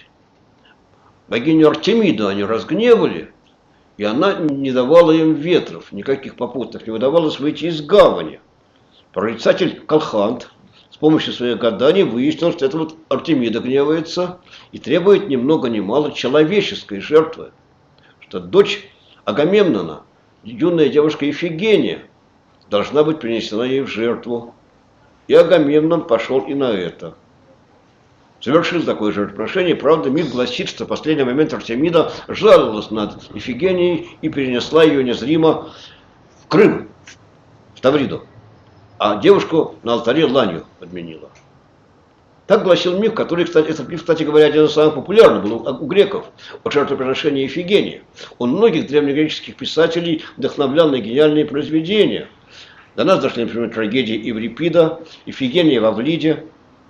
Богиню Артемиду они разгневали, и она не давала им ветров, никаких попутных, не удавалось выйти из гавани. Прорицатель Колхант с помощью своих гаданий выяснил, что это вот Артемида гневается и требует ни много ни мало человеческой жертвы. Что дочь Агамемнона, юная девушка Ифигения, должна быть принесена ей в жертву. И Агамемнон пошел и на это. Совершил такое жертвоприношение. Правда, миф гласит, что в последний момент Артемида жаловалась над Ифигенией и перенесла ее незримо в Крым, в Тавриду. А девушку на алтаре ланью подменила. Так гласил миф, который, кстати, этот миф, кстати говоря, один из самых популярных был у греков, о жертвоприношении Ифигении. У многих древнегреческих писателей вдохновлял на гениальные произведения. До нас дошли, например, трагедии Еврипида, Ифигения в Авлиде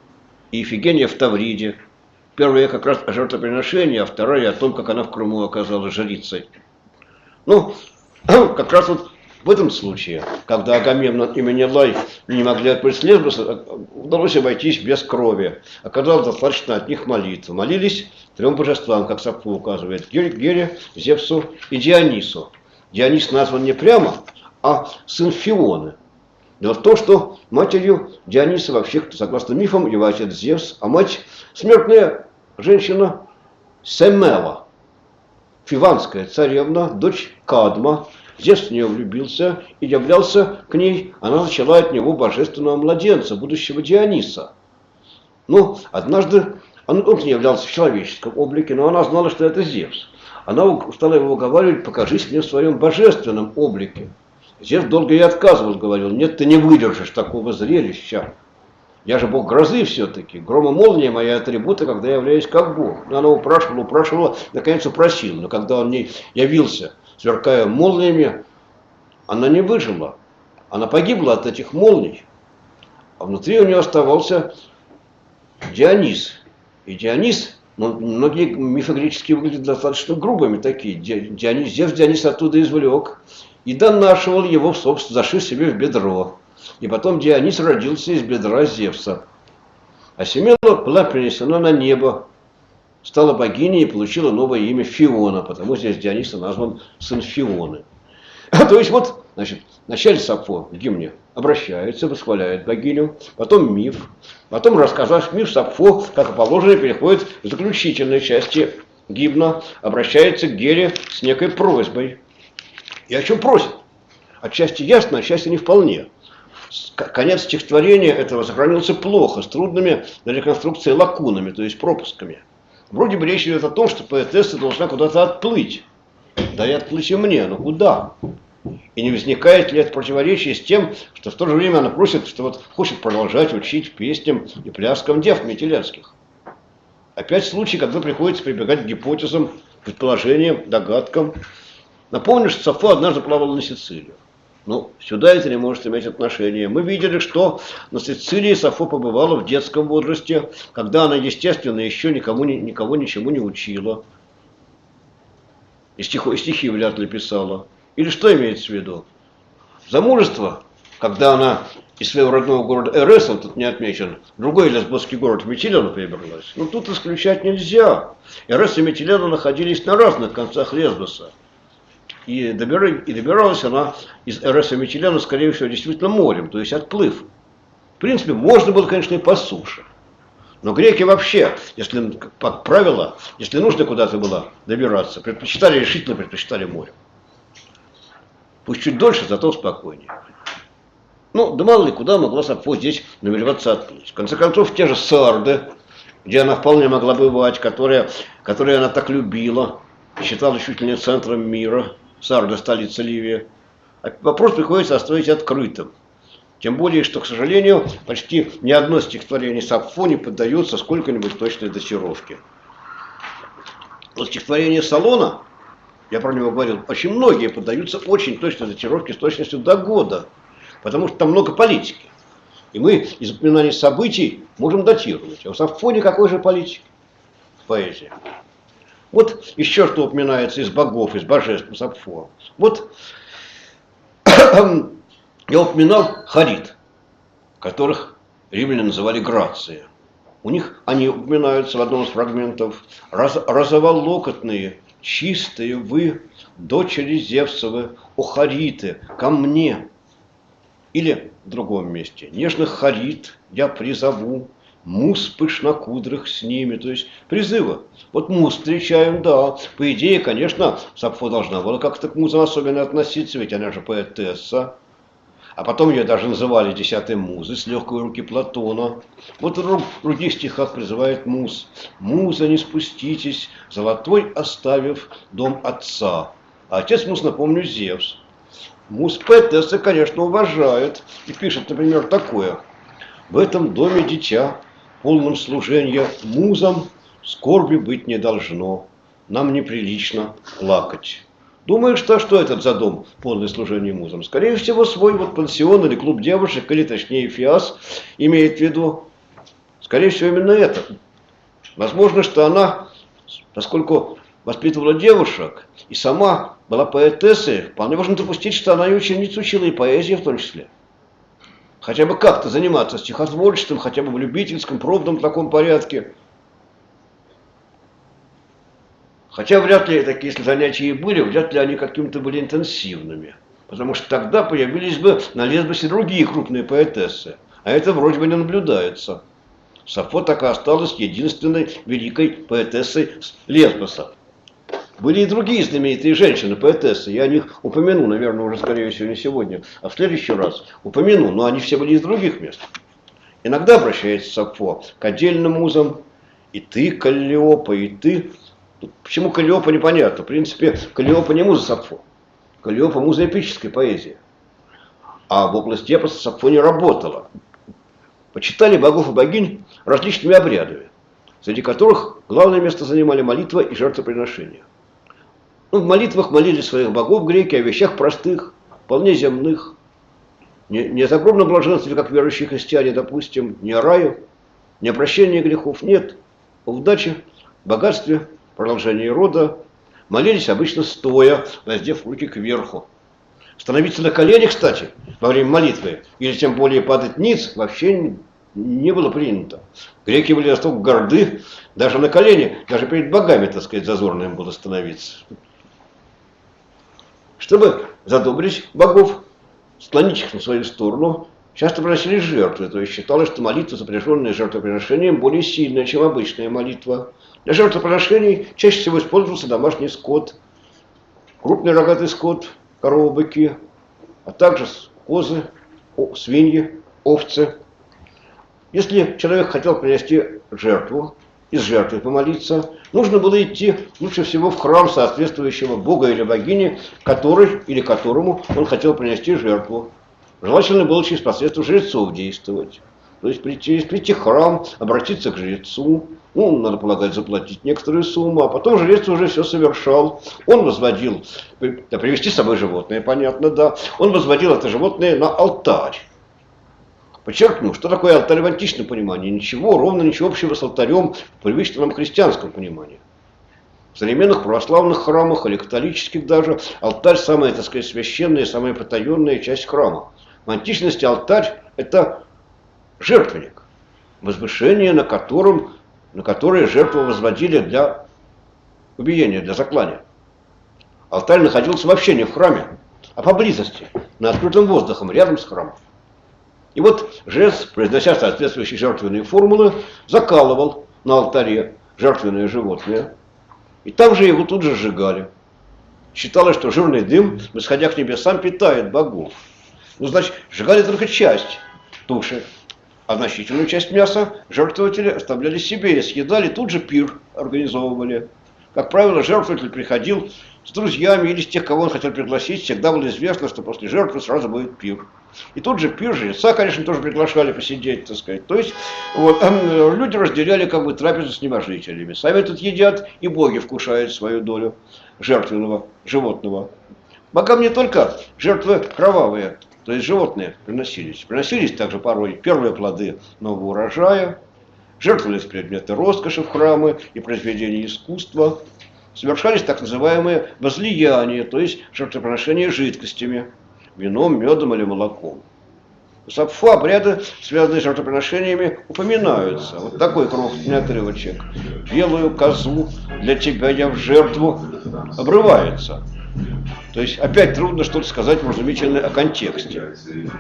и Ифигения в Тавриде. Первая как раз о жертвоприношении, а вторая о том, как она в Крыму оказалась жрицей. Ну, как раз вот в этом случае, когда Агамемнон и Менелай не могли отплыть с Лесбоса, удалось обойтись без крови. Оказалось достаточно от них молитвы. Молились трем божествам, как Сапфо указывает: Гере, Зевсу и Дионису. Дионис назван не прямо, а сын Фионы. Дело в том, что матерью Диониса вообще, согласно мифам, его отец Зевс, а мать смертная женщина Семела, фиванская царевна, дочь Кадма. Зевс в нее влюбился и являлся к ней, она зачала от него божественного младенца, будущего Диониса. Но однажды он не являлся в человеческом облике, но она знала, что это Зевс. Она стала его уговаривать: покажись мне в своем божественном облике. Зевс долго ей отказывал, говорил: нет, ты не выдержишь такого зрелища. Я же бог грозы все-таки. Гром и молния мои атрибуты, когда я являюсь как бог. Но она упрашивала, наконец упросила. Но когда он не явился, сверкая молниями, она не выжила. Она погибла от этих молний. А внутри у нее оставался Дионис. И Дионис, многие мифы греческие выглядят достаточно грубыми такие. Зевс Дионис оттуда извлек и донашивал его, собственно, зашив себе в бедро. И потом Дионис родился из бедра Зевса. А Семена была перенесена на небо, стала богиней и получила новое имя Фиона, потому здесь Диониса назван сын Фионы. То есть вот, значит, вначале Сафо в гимне обращается, восхваляет богиню, потом миф, потом, рассказав миф, Сафо, как и положено, переходит к заключительной части гимна, обращается к Гере с некой просьбой. И о чем просит? Отчасти ясно, отчасти не вполне. Конец стихотворения этого сохранился плохо, с трудными для реконструкции лакунами, то есть пропусками. Вроде бы речь идет о том, что поэтесса должна куда-то отплыть. Да и отплыть и мне, но куда? И не возникает ли это противоречие с тем, что в то же время она просит, что вот хочет продолжать учить песням и пляскам дев метелецких? Опять случай, когда приходится прибегать к гипотезам, предположениям, догадкам. Напомню, что Сафо однажды плавала на Сицилию. Ну, сюда это не может иметь отношения. Мы видели, что на Сицилии Сафо побывала в детском возрасте, когда она, естественно, еще никого ничему не учила. И стихи вряд ли писала. Или что имеется в виду? Замужество, когда она из своего родного города Эреса, тут не отмечен, другой лесбосский город Митилена перебралась. Ну, тут исключать нельзя. Эрес и Митилена находились на разных концах Лесбоса. И добиралась она из Эреса и Митилена, скорее всего, действительно морем, то есть отплыв. В принципе, можно было, конечно, и по суше. Но греки вообще, если, как правило, если нужно куда-то было добираться, решительно предпочитали море. Пусть чуть дольше, зато спокойнее. Ну, да мало ли, куда могла Сафо здесь намереваться отплыть. В конце концов, те же Сарды, где она вполне могла бывать, которые она так любила, считала чуть ли не центром мира, Сарды, столица Ливии. Вопрос приходится оставить открытым. Тем более, что, к сожалению, почти ни одно стихотворение Сафо не поддается сколько-нибудь точной датировке. Вот стихотворение Солона, я про него говорил, очень многие поддаются очень точной датировке с точностью до года, потому что там много политики. И мы из упоминаний событий можем датировать. А у Сафо никакой же политики в поэзии. Вот еще что упоминается из богов, из божеств Сафо. Вот я упоминал Харит, которых римляне называли Грации. У них они упоминаются в одном из фрагментов. Розоволокотные, чистые вы, дочери Зевсовы, о Хариты, ко мне. Или в другом месте. Нежных Харит я призову, мус пышнокудрых с ними. То есть призывы. Вот мус встречаем, да. По идее, конечно, Сафо должна была как-то к музам особенно относиться, ведь она же поэтесса. А потом ее даже называли десятой музой с легкой руки Платона. Вот в других стихах призывает муз. Муза, не спуститесь, золотой оставив дом отца. А отец муз, напомню, Зевс. Муз поэтессы, конечно, уважают. И пишет, например, такое. В этом доме дитя, полном служения музам, скорби быть не должно. Нам неприлично плакать. Думаешь, что этот за дом, полное служение музам? Скорее всего, свой вот пансион или клуб девушек, или точнее фиас имеет в виду. Скорее всего, именно это. Возможно, что она, поскольку воспитывала девушек и сама была поэтессой, вполне можно допустить, что она и ученица учила и поэзии в том числе. Хотя бы как-то заниматься стихотворчеством, хотя бы в любительском, пробном таком порядке. Хотя вряд ли такие, если занятия и были, вряд ли они какими-то были интенсивными. Потому что тогда появились бы на Лесбосе другие крупные поэтессы. А это вроде бы не наблюдается. Сафо так и осталась единственной великой поэтессой Лесбоса. Были и другие знаменитые женщины-поэтессы. Я о них упомяну, наверное, уже, скорее всего, не сегодня, а в следующий раз упомяну. Но они все были из других мест. Иногда обращается Сафо к отдельным музам. И ты, Каллиопа, и ты... Почему Каллиопа, непонятно. В принципе, Каллиопа не муза Сафо. Каллиопа муза эпической поэзии. а в области эпоса Сафо не работала. Почитали богов и богинь различными обрядами, среди которых главное место занимали молитва и жертвоприношения. В молитвах молили своих богов греки о вещах простых, вполне земных. Не о загробном блаженстве, как верующие христиане, допустим, не о раю, не о прощении грехов, нет. О удаче, богатстве, продолжении рода. Молились обычно стоя, воздев руки кверху. Становиться на колени, кстати, во время молитвы, или тем более падать ниц, вообще не было принято. Греки были настолько горды, даже на колени, даже перед богами, так сказать, зазорно им было становиться. Чтобы задобрить богов, склонить их на свою сторону, часто приносили жертвы, то есть считалось, что молитва, запряженная жертвоприношением, более сильная, чем обычная молитва. Для жертвоприношений чаще всего использовался домашний скот, крупный рогатый скот, коровы, быки, а также козы, свиньи, овцы. Если человек хотел принести жертву, из жертвы помолиться, нужно было идти лучше всего в храм соответствующего бога или богини, который или которому он хотел принести жертву. Желательно было через посредство жрецов действовать. То есть прийти в храм, обратиться к жрецу, надо полагать, заплатить некоторую сумму, а потом жрец уже все совершал. Он возводил, привести с собой животное, понятно, да, он возводил это животное на алтарь. Подчеркну, что такое алтарь в античном понимании? Ничего, ровно ничего общего с алтарем в привычном нам христианском понимании. В современных православных храмах или католических даже алтарь самая, так сказать, священная, самая потаенная часть храма. В античности алтарь – это жертвенник, возвышение, на которое жертву возводили для убиения, для заклания. Алтарь находился вообще не в храме, а поблизости, на открытом воздухе, рядом с храмом. И вот жрец, произнося соответствующие жертвенные формулы, закалывал на алтаре жертвенное животное, и там же его тут же сжигали. Считалось, что жирный дым, восходя к небесам, питает богов. Значит, сжигали только часть туши, а значительную часть мяса жертвователи оставляли себе и съедали, тут же пир организовывали. Как правило, жертвователь приходил с друзьями или с тех, кого он хотел пригласить, всегда было известно, что после жертвы сразу будет пир. И тут же пир, жреца, конечно, тоже приглашали посидеть, так сказать. То есть люди разделяли трапезу с небожителями. Сами тут едят, и боги вкушают свою долю жертвенного животного. Богам не только жертвы кровавые, то есть животные приносились. Приносились также порой первые плоды нового урожая, жертвовались предметы роскоши в храмы и произведения искусства. Совершались так называемые возлияния, то есть жертвоприношения жидкостями, вином, медом или молоком. У Сафо обряды, связанные с жертвоприношениями, упоминаются. Вот такой крохотный отрывочек. «Белую козу для тебя я в жертву» обрывается. То есть опять трудно что-то сказать вразумительное о контексте.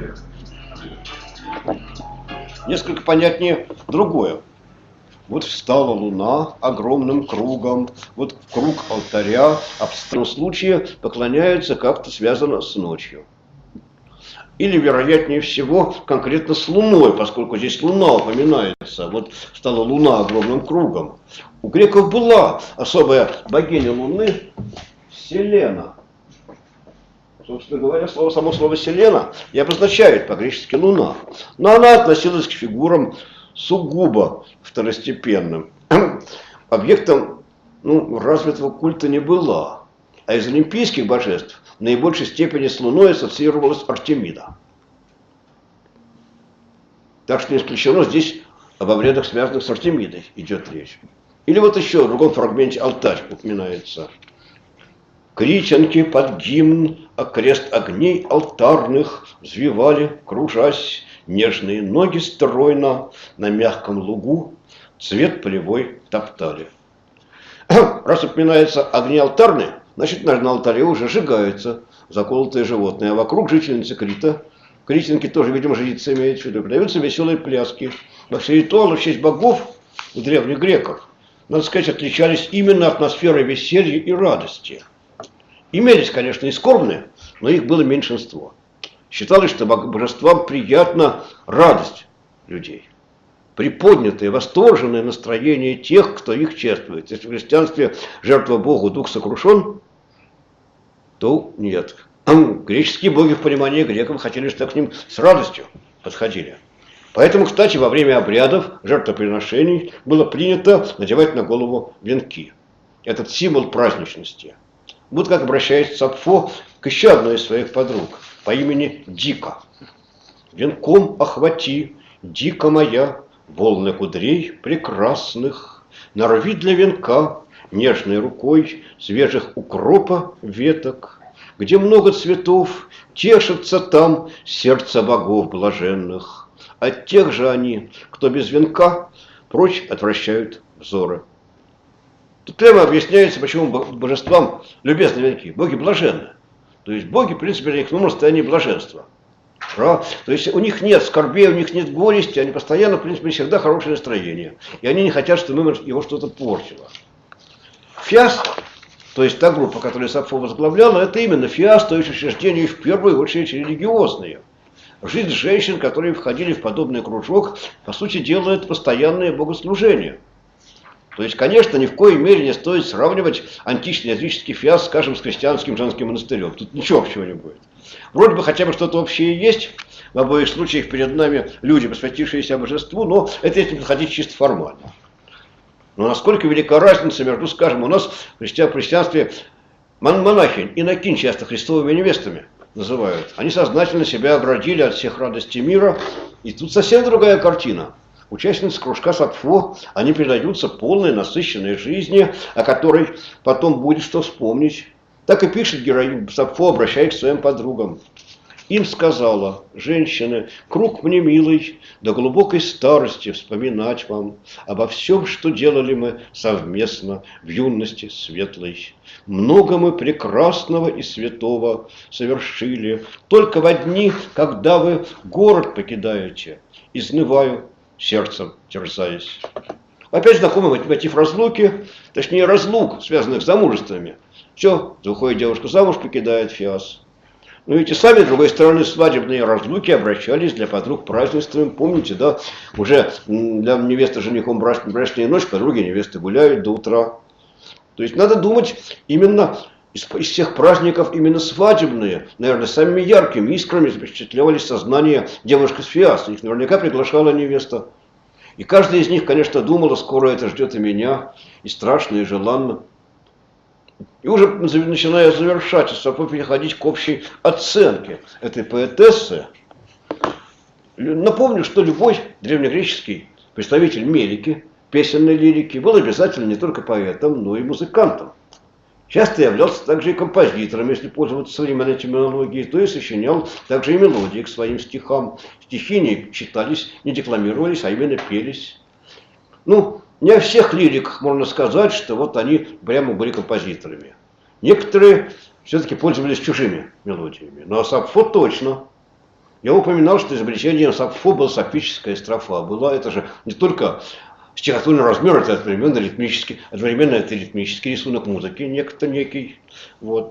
Несколько понятнее другое. Вот встала луна огромным кругом, вот в круг алтаря, а в этом случае поклоняются как-то связано с ночью. Или, вероятнее всего, конкретно с луной, поскольку здесь луна упоминается. Вот стала луна огромным кругом. У греков была особая богиня луны Селена. Собственно говоря, само слово «селена» и обозначает по-гречески «луна». Но она относилась к фигурам сугубо второстепенным. Объектом развитого культа не была. А из олимпийских божеств в наибольшей степени с Луной ассоциировалась Артемида. Так что не исключено, здесь об обрядах, связанных с Артемидой, идет речь. Или вот еще в другом фрагменте алтарь упоминается. Критянки под гимн окрест огней алтарных взвивали, кружась, нежные ноги стройно на мягком лугу цвет полевой топтали. Раз упоминается огни алтарные, значит, на алтаре уже сжигаются заколотые животные, а вокруг жительницы Крита, критянки тоже, видимо, жрицы имеют в виду, подаются веселые пляски. Во все ритуалы в честь богов у древних греков, надо сказать, отличались именно атмосферой веселья и радости. Имелись, конечно, и скорбные, но их было меньшинство. Считалось, что божествам приятна радость людей, приподнятое, восторженное настроение тех, кто их чествует. Если в христианстве жертва Богу, дух сокрушен, то нет. Греческие боги в понимании греков хотели, чтобы к ним с радостью подходили. Поэтому, кстати, во время обрядов, жертвоприношений было принято надевать на голову венки. Этот символ праздничности. Вот как обращается Сапфо к еще одной из своих подруг по имени Дика. «Венком охвати, Дика моя, волны кудрей прекрасных, нарви для венка нежной рукой свежих укропа веток, где много цветов, тешится там сердце богов блаженных. От тех же они, кто без венка, прочь отвращают взоры». Тут прямо объясняется, почему божествам любезны венки. Боги блаженны. То есть боги, в принципе, для них в состоянии блаженства. То есть у них нет скорбей, у них нет горести, они постоянно, в принципе, всегда хорошее настроение. И они не хотят, чтобы его что-то портило. Фиас, то есть та группа, которую Сапфо возглавляла, это именно фиас, то есть учреждения в первую очередь религиозные. Жизнь женщин, которые входили в подобный кружок, по сути дела, это постоянное богослужение. То есть, конечно, ни в коей мере не стоит сравнивать античный языческий фиас, скажем, с христианским женским монастырем. Тут ничего общего не будет. Вроде бы хотя бы что-то общее есть. В обоих случаях перед нами люди, посвятившиеся божеству, но это если подходить чисто формально. Но насколько велика разница между, скажем, у нас в христианстве монахинь, инокинь часто христовыми невестами называют. Они сознательно себя оградили от всех радостей мира. И тут совсем другая картина. Участницы кружка Сапфо, они передаются полной, насыщенной жизни, о которой потом будет что вспомнить. Так и пишет героиня Сапфо, обращаясь к своим подругам. Им сказала: женщины, круг мне милый, до глубокой старости вспоминать вам обо всем, что делали мы совместно в юности светлой. Много мы прекрасного и святого совершили, только во дни, когда вы город покидаете, изнываю сердцем терзаясь. Опять знакомый мотив разлуки, точнее разлук, связанных с замужествами. Все, выходит девушка замуж, покидает фиас. Но эти сами, с другой стороны, свадебные разлуки обращались для подруг празднеством. Помните, да, уже для невесты женихом брачная ночь, подруги невесты гуляют до утра. То есть надо думать именно из всех праздников, именно свадебные, наверное, самыми яркими искрами запечатлевались сознание девушки с фиаса. Их наверняка приглашала невеста. И каждая из них, конечно, думала, скоро это ждет и меня, и страшно, и желанно. И уже начиная завершать, Сапфо переходить к общей оценке этой поэтессы, напомню, что любой древнегреческий представитель мелики, песенной лирики, был обязательно не только поэтом, но и музыкантом. Часто являлся также и композитором, если пользоваться современной терминологией, то есть сочинял также и мелодии к своим стихам. Стихи не читались, не декламировались, а именно пелись. Ну, не о всех лириках можно сказать, что вот они прямо были композиторами. Некоторые все-таки пользовались чужими мелодиями, но Сапфо точно. Я упоминал, что изобретением Сапфо была сапфическая строфа. Была это же не только стихотворный размер, это одновременно это ритмический рисунок музыки, некий, вот,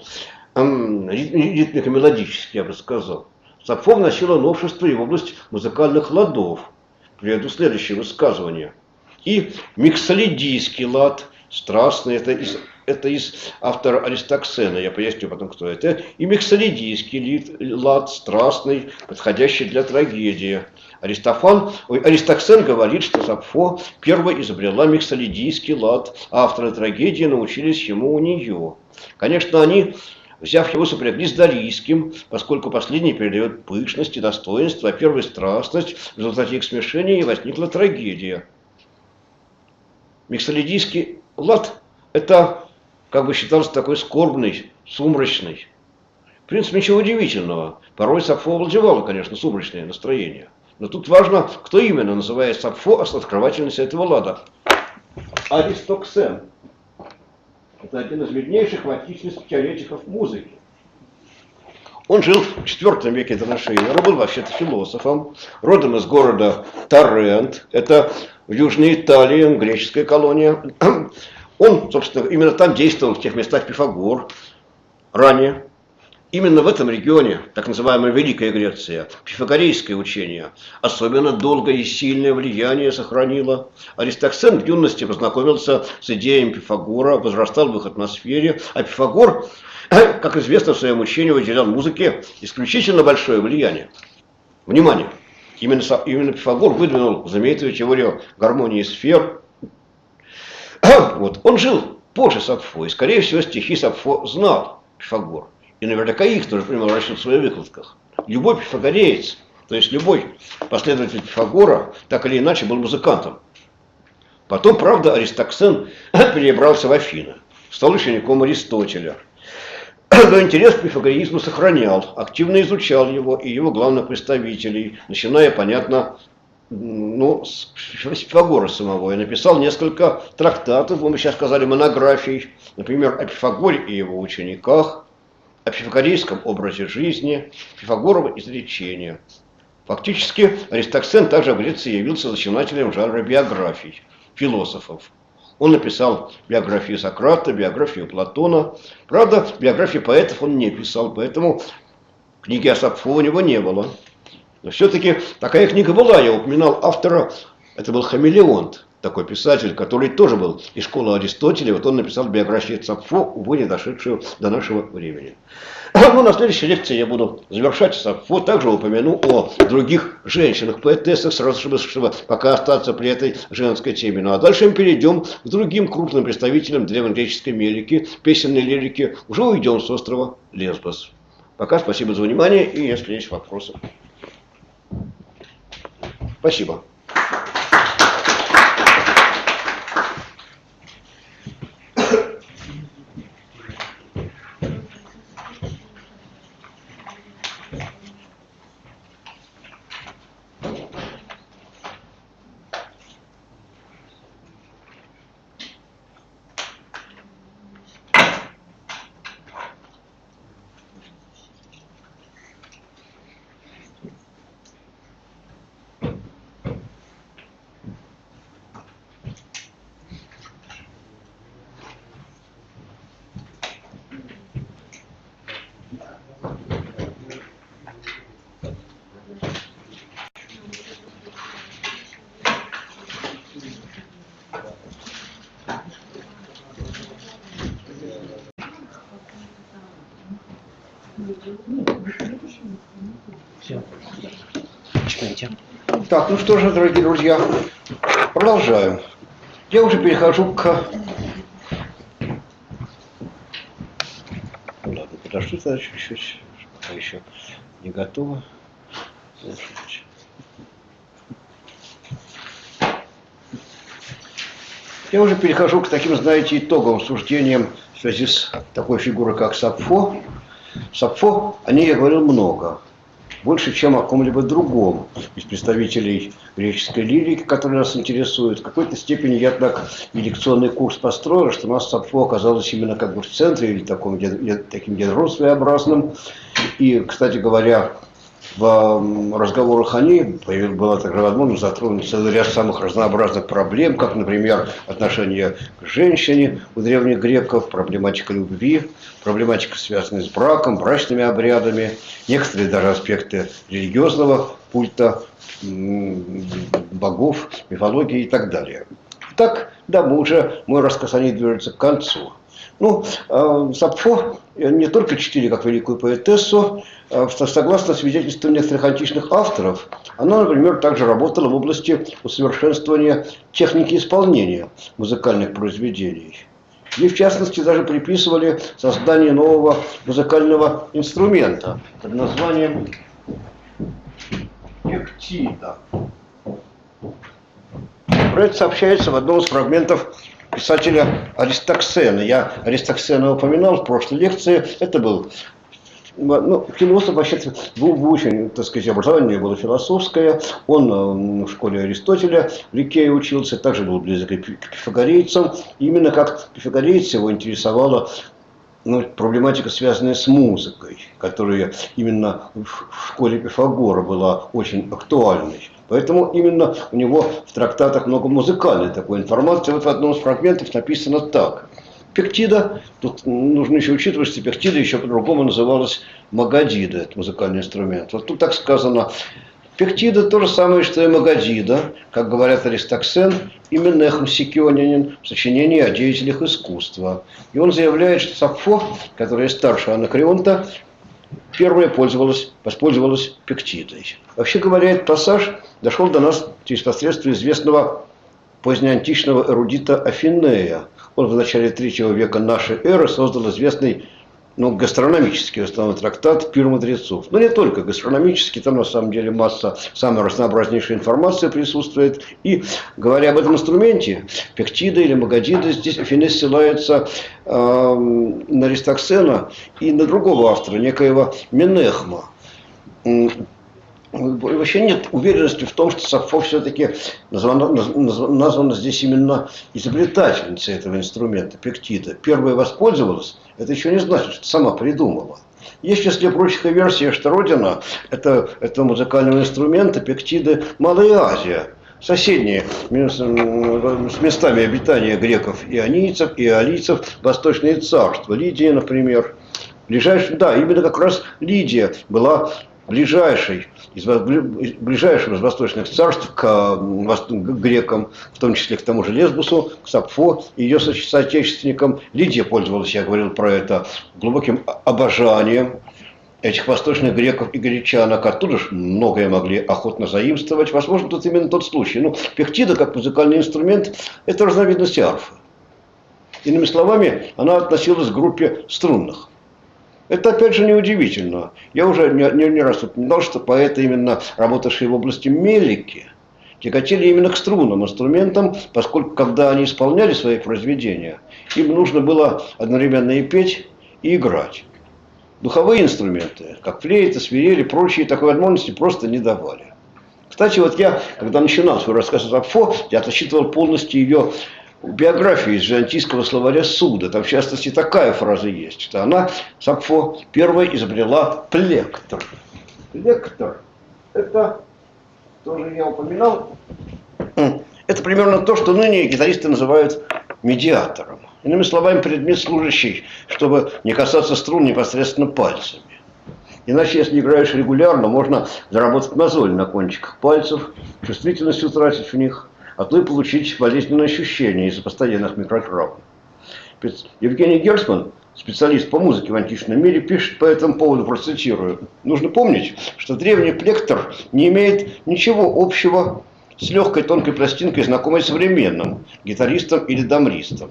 ритмико-мелодический, я бы сказал. Сапфо вносила новшество и в область музыкальных ладов. Приведу следующее высказывание. И миксолидийский лад, страстный, это из автора Аристоксена, я поясню потом, кто это. И миксолидийский лад, страстный, подходящий для трагедии. Аристоксен говорит, что Сапфо первой изобрела миксолидийский лад, а авторы трагедии научились ему у нее. Конечно, они, взяв его, сопрягли с Дарийским, поскольку последний передает пышность и достоинство, а первый страстность, в результате их смешения и возникла трагедия. Миксолидийский лад – это, как бы считался, такой скорбный, сумрачный. В принципе, ничего удивительного. Порой Сапфо овладевало, конечно, сумрачное настроение. Но тут важно, кто именно называет Сапфо открывательницей этого лада. Аристоксен. Это один из виднейших в античности теоретиков музыки. Он жил в IV веке до нашей эры, был вообще-то философом, родом из города Тарент, это в Южной Италии, греческая колония. Он, собственно, именно там действовал, в тех местах Пифагор ранее. Именно в этом регионе, так называемая Великая Греция, пифагорейское учение особенно долгое и сильное влияние сохранило. Аристоксен в юности познакомился с идеями Пифагора, возрастал в их атмосфере, а Пифагор как известно, в своем учении уделял музыке исключительно большое влияние. Внимание! Именно Пифагор выдвинул знаменитую теорию гармонии сфер. Вот. Он жил позже Сапфо, и, скорее всего, стихи Сапфо знал Пифагор. И наверняка их тоже принял в расчет в своих выкладках. Любой пифагореец, то есть любой последователь Пифагора, так или иначе был музыкантом. Потом, правда, Аристоксен перебрался в Афины, стал учеником Аристотеля. Но интерес к пифагореизму сохранял, активно изучал его и его главных представителей, начиная, понятно, с Пифагора самого. И написал несколько трактатов, мы сейчас сказали, монографий, например, о Пифагоре и его учениках, о пифагорейском образе жизни, Пифагорово изречение. Фактически Аристоксен также в Греции явился зачинателем жанра биографий философов. Он написал биографию Сократа, биографию Платона. Правда, биографии поэтов он не писал, поэтому книги о Сапфо у него не было. Но все-таки такая книга была, я упоминал автора, это был Хамелеонт, такой писатель, который тоже был из школы Аристотеля. Вот он написал биографию Сапфо, увы, не дошедшую до нашего времени. Ну, на следующей лекции я буду завершать Сапфо, также упомяну о других женщинах-поэтессах, сразу чтобы пока остаться при этой женской теме. Ну а дальше мы перейдем к другим крупным представителям древнегреческой лирики, песенной лирики. Уже уйдем с острова Лесбос. Пока спасибо за внимание, и если есть вопросы. Спасибо. Все. Читайте. Так, ну что же, дорогие друзья, продолжаем. Я уже перехожу к... Ну ладно, подожду тогда чуть-чуть, пока еще не готово. Я уже перехожу к таким, знаете, итоговым суждениям в связи с такой фигурой, как Сапфо. Сапфо, о ней я говорил много. Больше, чем о ком-либо другом из представителей греческой лирики, которые нас интересуют. В какой-то степени я так и лекционный курс построил, что у нас Сапфо оказалось именно как бы в центре, или таким ядром своеобразным. И, кстати говоря, в разговорах о ней была такая возможность затронуть целый ряд самых разнообразных проблем, как, например, отношение к женщине у древних греков, проблематика любви, проблематика, связанная с браком, брачными обрядами, некоторые даже аспекты религиозного культа, богов, мифологии и так далее. Так, да, мой рассказ о ней движется к концу. Ну, Сапфо не только чтили как великую поэтессу, согласно свидетельствам некоторых античных авторов, она, например, также работала в области усовершенствования техники исполнения музыкальных произведений. Ей, в частности, даже приписывали создание нового музыкального инструмента под названием пектида. Про это сообщается в одном из фрагментов писателя Аристоксена. Я Аристоксена упоминал в прошлой лекции. Это был философ, вообще выучен, так сказать, образование было философское. Он в школе Аристотеля в Ликее учился, также был близок к пифагорейцам. Именно как пифагорейцы его интересовала проблематика, связанная с музыкой, которая именно в школе Пифагора была очень актуальной. Поэтому именно у него в трактатах много музыкальной такой информации. Вот в одном из фрагментов написано так. Пектида, тут нужно еще учитывать, что пектида еще по-другому называлась магадида, это музыкальный инструмент. Вот тут так сказано: Пектида то же самое, что и Магадида, как говорят Аристоксен и Менехм Сикионянин в сочинении о деятелях искусства. И он заявляет, что Сапфо, которая старше Анакреонта, первая воспользовалась Пектидой. Вообще говоря, этот пассаж дошел до нас через посредство известного позднеантичного эрудита Афинея. Он в начале III века нашей эры создал известный гастрономический основной трактат «Пир мудрецов». Но не только гастрономический, там на самом деле масса самой разнообразнейшей информации присутствует. И говоря об этом инструменте, Пектида или Магадида, здесь Афиней ссылается на Аристоксена и на другого автора, некоего Менехма. Вообще нет уверенности в том, что Сапфо все-таки названа здесь именно изобретательницей этого инструмента, Пектида. Первая воспользовалась, это еще не значит, что сама придумала. Есть в числе прочих и версия, что родина этого музыкального инструмента Пектиды Малая Азия, соседние с местами обитания греков и ионийцев, и иолийцев восточные царства. Лидия, например. Именно как раз Лидия была ближайшим из восточных царств к грекам, в том числе к тому же Лесбусу, к Сапфо и ее соотечественникам. Лидия пользовалась, я говорил про это, глубоким обожанием этих восточных греков и гречанок. Оттуда же многое могли охотно заимствовать. Возможно, тут именно тот случай. Пектида, как музыкальный инструмент, это разновидность арфы. Иными словами, она относилась к группе струнных. Это, опять же, неудивительно. Я уже не раз упоминал, что поэты, именно работавшие в области мелики, тяготели именно к струнным инструментам, поскольку, когда они исполняли свои произведения, им нужно было одновременно и петь, и играть. Духовые инструменты, как флейта, свирель и прочие, такой возможности просто не давали. Кстати, я, когда начинал свой рассказ о Сапфо, я зачитывал полностью ее биографию из византийского словаря Суда. Там, в частности, такая фраза есть, что она, Сапфо, первая изобрела плектр. Плектр – это, тоже я упоминал, это примерно то, что ныне гитаристы называют медиатором. Иными словами, предмет, служащий, чтобы не касаться струн непосредственно пальцами. Иначе, если играешь регулярно, можно заработать мозоль на кончиках пальцев, чувствительность утратить в них, а то и получить болезненные ощущения из-за постоянных микротравм. Евгений Герцман, специалист по музыке в античном мире, пишет по этому поводу, процитирую: «Нужно помнить, что древний плектр не имеет ничего общего с легкой тонкой пластинкой, знакомой современным гитаристам или дамристам.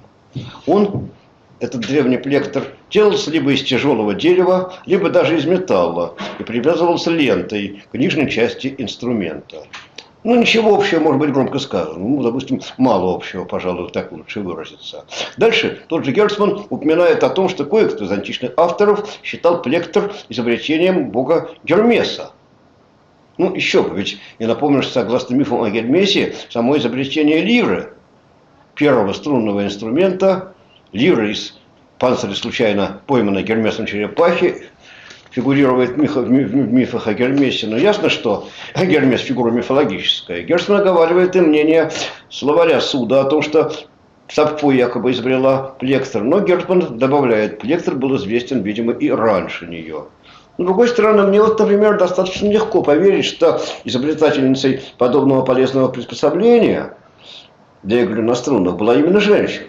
Этот древний плектр, делался либо из тяжелого дерева, либо даже из металла и привязывался лентой к нижней части инструмента». Ничего общего, может быть, громко сказано. Допустим, мало общего, пожалуй, так лучше выразиться. Дальше тот же Герцман упоминает о том, что кое-кто из античных авторов считал плектр изобретением бога Гермеса. Еще бы, ведь я напомню, что согласно мифам о Гермесе, само изобретение лиры, первого струнного инструмента, лиры из панциря случайно пойманной Гермесом черепахи, фигурирует в мифах о Гермесе. Но ясно, что Гермес – фигура мифологическая. Герцман оговаривает и мнение словаря Суда о том, что Сапфо якобы изобрела плектр. Но Герцман добавляет, плектр был известен, видимо, и раньше нее. С другой стороны, мне например, достаточно легко поверить, что изобретательницей подобного полезного приспособления для игры на струнах была именно женщина.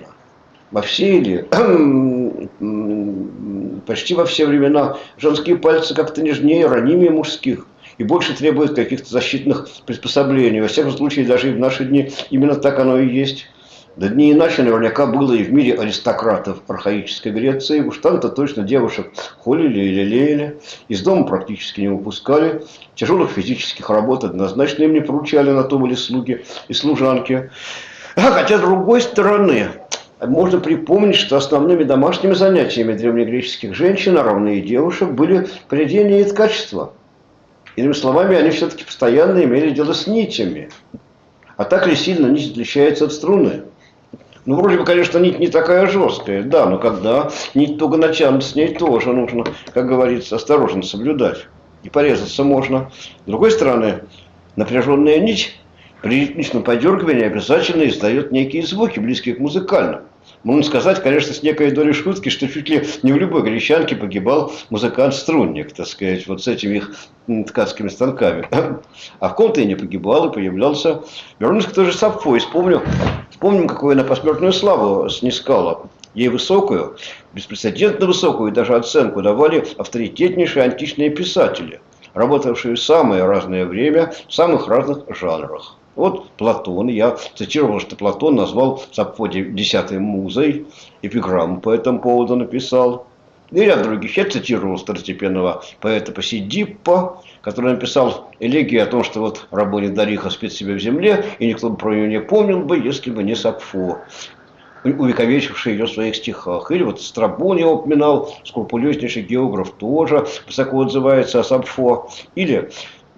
Почти во все времена женские пальцы как-то нежнее, ранимее мужских и больше требуют каких-то защитных приспособлений. Во всяком случае, даже и в наши дни именно так оно и есть. Да не иначе наверняка было и в мире аристократов архаической Греции. Уж там-то точно девушек холили и лелеяли, из дома практически не выпускали, тяжелых физических работ однозначно им не поручали, на то были слуги и служанки. Хотя, с другой стороны, можно припомнить, что основными домашними занятиями древнегреческих женщин, а равно и девушек, были прядение и ткачество. Иными словами, они все-таки постоянно имели дело с нитями. А так ли сильно нить отличается от струны? Вроде бы, конечно, нить не такая жесткая, да, но когда нить туго натянут, с ней тоже нужно, как говорится, осторожно соблюдать. И порезаться можно. С другой стороны, напряженная нить при ритмичном подергивании обязательно издает некие звуки, близкие к музыкальным. Можно сказать, конечно, с некой долей шутки, что чуть ли не в любой гречанке погибал музыкант-струнник, так сказать, вот с этими их ткацкими станками. А в ком-то и не погибал, и появлялся. Вернусь к той же Сапфо и вспомним, какую она посмертную славу снискала. Ей высокую, беспрецедентно высокую даже оценку давали авторитетнейшие античные писатели, работавшие в самое разное время, в самых разных жанрах. Вот Платон, я цитировал, что Платон назвал Сапфо десятой музой, эпиграмму по этому поводу написал. И ряд других. Я цитировал второстепенного поэта Посидиппа, который написал элегию о том, что вот рабыня Дариха спит себе в земле, и никто бы про нее не помнил бы, если бы не Сапфо, увековечивший ее в своих стихах. Или вот Страбон я упоминал, скрупулезнейший географ тоже высоко отзывается о Сапфо. Или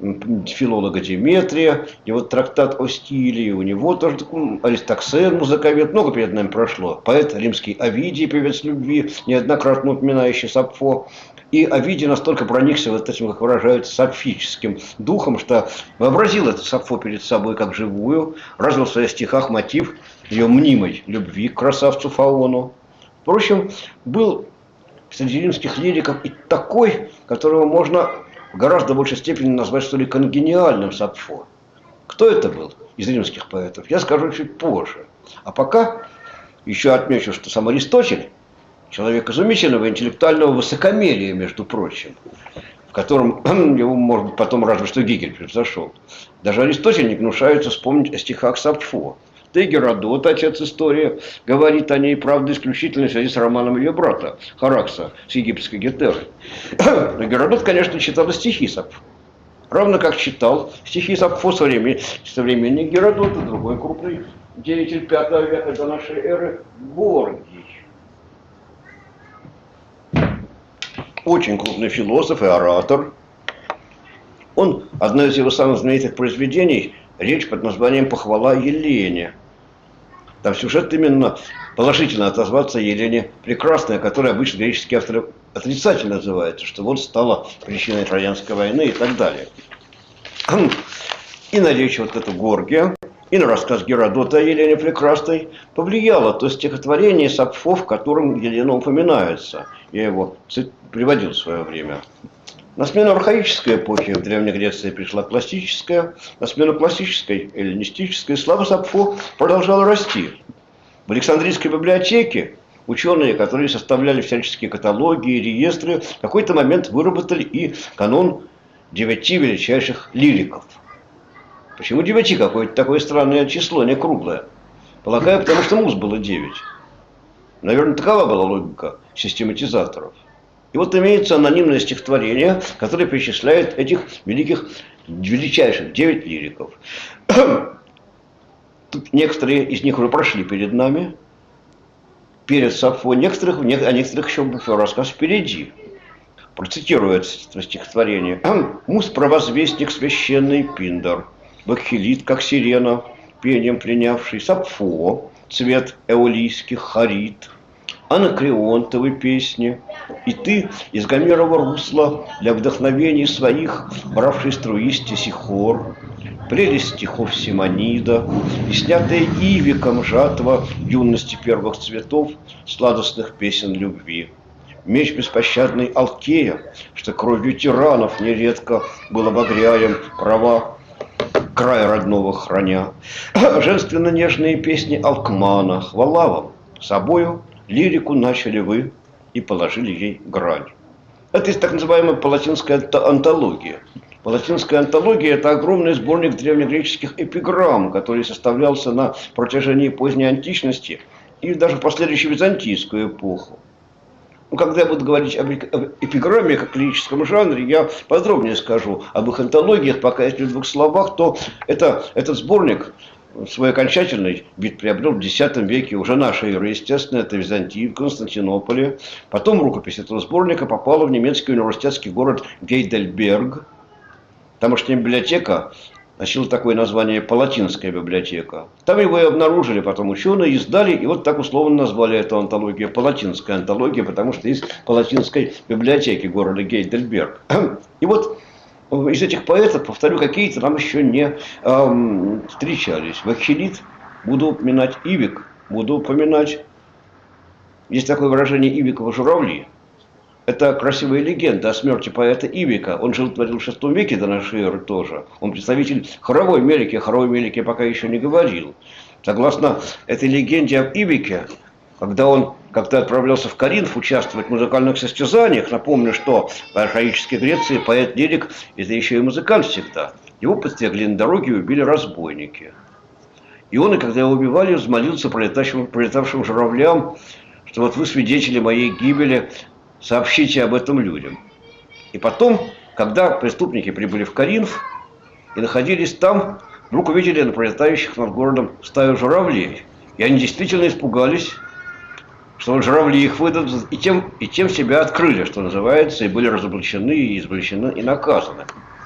филолога Деметрия, и вот трактат о стиле, у него тоже Аристоксен, музыковед, много перед нами прошло. Поэт римский Овидий, певец любви, неоднократно упоминающий Сапфо. И Овидий настолько проникся вот этим, как выражаются, сапфическим духом, что вообразил это Сапфо перед собой как живую, развил в своих стихах мотив ее мнимой любви к красавцу Фаону. Впрочем, был среди римских лириков и такой, которого можно в гораздо большей степени назвать, что ли, конгениальным Сапфо. Кто это был из римских поэтов, я скажу чуть позже. А пока еще отмечу, что сам Аристотель, человек изумительного интеллектуального высокомерия, между прочим, в котором его, может быть, потом разве что Гегель превзошел. Даже Аристотель не гнушается вспомнить о стихах Сапфо. Да и Геродот, отец истории, говорит о ней, правда, исключительно в связи с романом ее брата, Харакса, с египетской Гетерой. Но Геродот, конечно, читал и стихи Сапфо. Равно как читал стихи Сапфо современник Геродота, другой крупный деятель V века до нашей эры, Горгий. Очень крупный философ и оратор. Одно из его самых знаменитых произведений – речь под названием «Похвала Елене». Там сюжет именно положительно отозваться Елене Прекрасной, которая обычно греческие авторы отрицательно называется, что вот стала причиной Троянской войны и так далее. И на речь вот эту Горгия, и на рассказ Геродота о Елене Прекрасной повлияло то стихотворение Сапфо, в котором Елена упоминается. Я его приводил в свое время. На смену архаической эпохи в Древней Греции пришла классическая, на смену классической, эллинистической, слава Сапфо продолжала расти. В Александрийской библиотеке ученые, которые составляли всяческие каталоги и реестры, в какой-то момент выработали и канон 9 величайших лириков. Почему 9? Какое-то такое странное число, не круглое. Полагаю, потому что муз было 9. Наверное, такова была логика систематизаторов. И вот имеется анонимное стихотворение, которое перечисляет этих величайших 9 лириков. Тут некоторые из них уже прошли перед нами, перед Сапфо, о некоторых еще рассказ впереди. Процитирую это стихотворение. «Муз провозвестник священный Пиндар, Бакхилит, как сирена, пением принявший, Сапфо, цвет эолийских харит, анакреонтовой песни, и ты из Гомерова русла для вдохновений своих, бравший струистись хор, прелесть стихов Симонида, и снятая Ивиком жатва юности первых цветов сладостных песен любви. Меч беспощадный Алкея, что кровью тиранов нередко был обогряем права края родного храня. Женственно-нежные песни Алкмана, хвала вам, собою лирику начали вы и положили ей грань». Это есть так называемая палатинская антология. Палатинская антология – это огромный сборник древнегреческих эпиграмм, который составлялся на протяжении поздней античности и даже в последующую византийскую эпоху. Когда я буду говорить об эпиграмме как лирическом жанре, я подробнее скажу об их антологиях, пока если в 2 словах, то этот сборник свой окончательный вид приобрел в X веке уже нашей эры, естественно, это Византии, в Константинополе. Потом рукопись этого сборника попала в немецкий университетский город Гейдельберг. Тамошняя библиотека носила такое название «Палатинская библиотека». Там его и обнаружили потом ученые, издали, и вот так условно назвали эту антологию «Палатинская антология», потому что из Палатинской библиотеки города Гейдельберг. И вот из этих поэтов, повторю, какие-то нам еще не встречались. Бакхилит буду упоминать, Ивик буду упоминать, Есть такое выражение «Ивикова журавли». Это красивая легенда о смерти поэта Ивика. Он жил в XXVI веке до нашей эры тоже. Он представитель хоровой мелики. О хоровой мелике пока еще не говорил. Согласно этой легенде об Ивике, когда отправлялся в Коринф участвовать в музыкальных состязаниях, напомню, что в архаической Греции поэт-лирик – это еще и музыкант всегда. Его подстерегли на дороге и убили разбойники. И он, и когда его убивали, взмолился пролетавшим журавлям, что вот вы свидетели моей гибели, сообщите об этом людям. И потом, когда преступники прибыли в Коринф и находились там, вдруг увидели на пролетающих над городом стаю журавлей. И они действительно испугались, что вот журавли их выдадут, и тем себя открыли, что называется, и были разоблачены, и извлечены, и наказаны.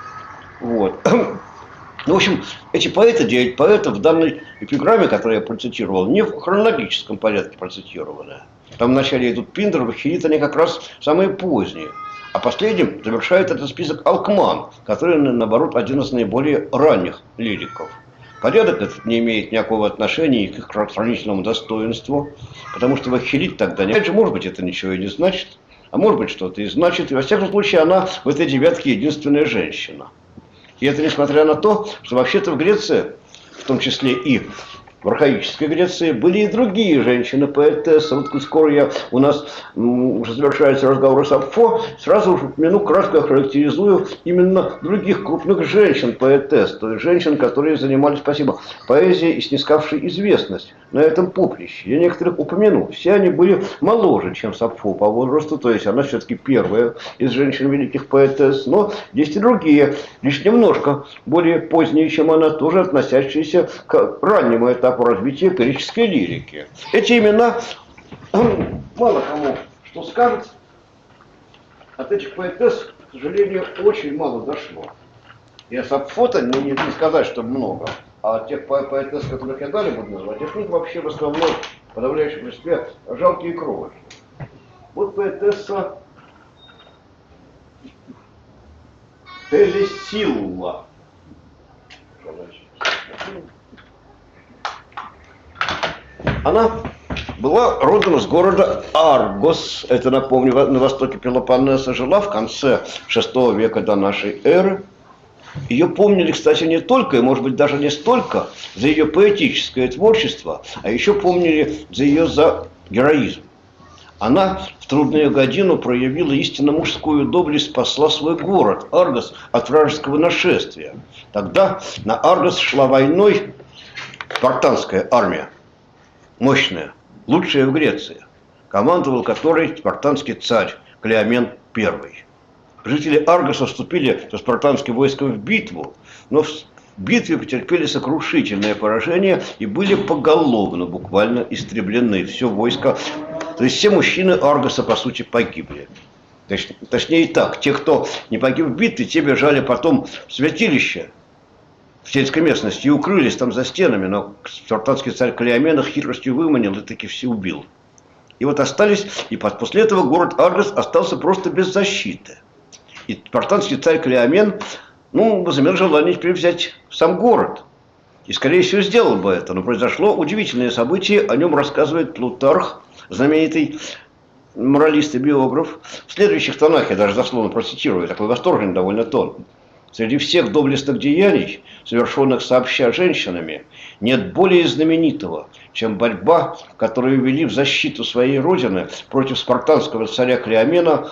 Вот. Ну, в общем, эти поэты, 9 поэтов в данной эпиграмме, которую я процитировал, не в хронологическом порядке процитированы. Там вначале идут Пиндер, Вахилит, они как раз самые поздние. А последним завершает этот список Алкман, который, наоборот, один из наиболее ранних лириков. Порядок этот не имеет никакого отношения к их хранительному достоинству, потому что Вахилит тогда не... Опять же, может быть, это ничего и не значит, а может быть, что-то и значит. И во всяком случае, она в этой девятке единственная женщина. И это несмотря на то, что вообще-то в Греции, в том числе и в архаической Греции, были и другие женщины-поэтессы. Вот скоро у нас уже завершается разговор о Сапфо, сразу же упомяну, кратко охарактеризую именно других крупных женщин-поэтесс, то есть женщин, которые занимались, поэзией и снискавшей известность на этом поприще. Я некоторых упомяну. Все они были моложе, чем Сапфо по возрасту, то есть она все-таки первая из женщин великих поэтесс, но есть и другие, лишь немножко более поздние, чем она, тоже относящиеся к раннему этапу развития греческой лирики. Эти имена мало кому что скажет. От этих поэтесс, к сожалению, очень мало дошло. И о Сапфо-то не сказать, что много. А тех поэтесс, которых я далее буду называть, их них вообще в основном, в подавляющем большинстве, жалкие кровочки. Вот поэтесса Телесилла. Она была родом из города Аргос, это, напомню, на востоке Пелопоннеса, жила в конце VI века до нашей эры. Ее помнили, кстати, не только, и, может быть, даже не столько за ее поэтическое творчество, а еще помнили за героизм. Она в трудную годину проявила истинно мужскую доблесть, спасла свой город, Аргос, от вражеского нашествия. Тогда на Аргос шла войной спартанская армия, мощная, лучшая в Греции, командовал которой спартанский царь Клеомен I. Жители Аргоса вступили со спартанским войском в битву, но в битве потерпели сокрушительное поражение и были поголовно буквально истреблены. Все войско, то есть все мужчины Аргоса, по сути, погибли. Точнее так, те, кто не погиб в битве, те бежали потом в святилище в сельской местности и укрылись там за стенами, но спартанский царь Клеомен их хитростью выманил и таки все убил. И вот остались, и после этого город Аргос остался просто без защиты. И спартанский царь Клеомен, возымел желание теперь взять сам город. И, скорее всего, сделал бы это. Но произошло удивительное событие, о нем рассказывает Плутарх, знаменитый моралист и биограф. В следующих тонах, я даже дословно процитирую, такой восторженный довольно тон. Среди всех доблестных деяний, совершенных сообща женщинами, нет более знаменитого, чем борьба, которую вели в защиту своей родины против спартанского царя Клеомена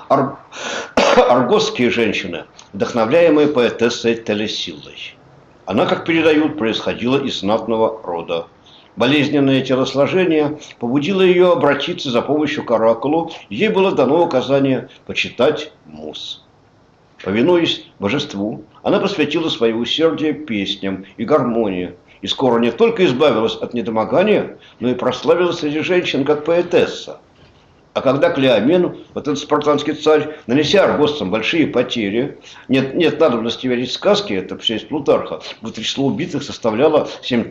аргосские женщины, вдохновляемые поэтессой Телесиллой. Она, как передают, происходила из знатного рода. Болезненное телосложение побудило ее обратиться за помощью к оракулу, ей было дано указание почитать муз. Повинуясь божеству, она посвятила свое усердие песням и гармонии, и скоро не только избавилась от недомогания, но и прославилась среди женщин как поэтесса. А когда Клеомен, вот этот спартанский царь, нанеся аргоссам большие потери, нет надобности верить сказки, это все из Плутарха, вот число убитых составляло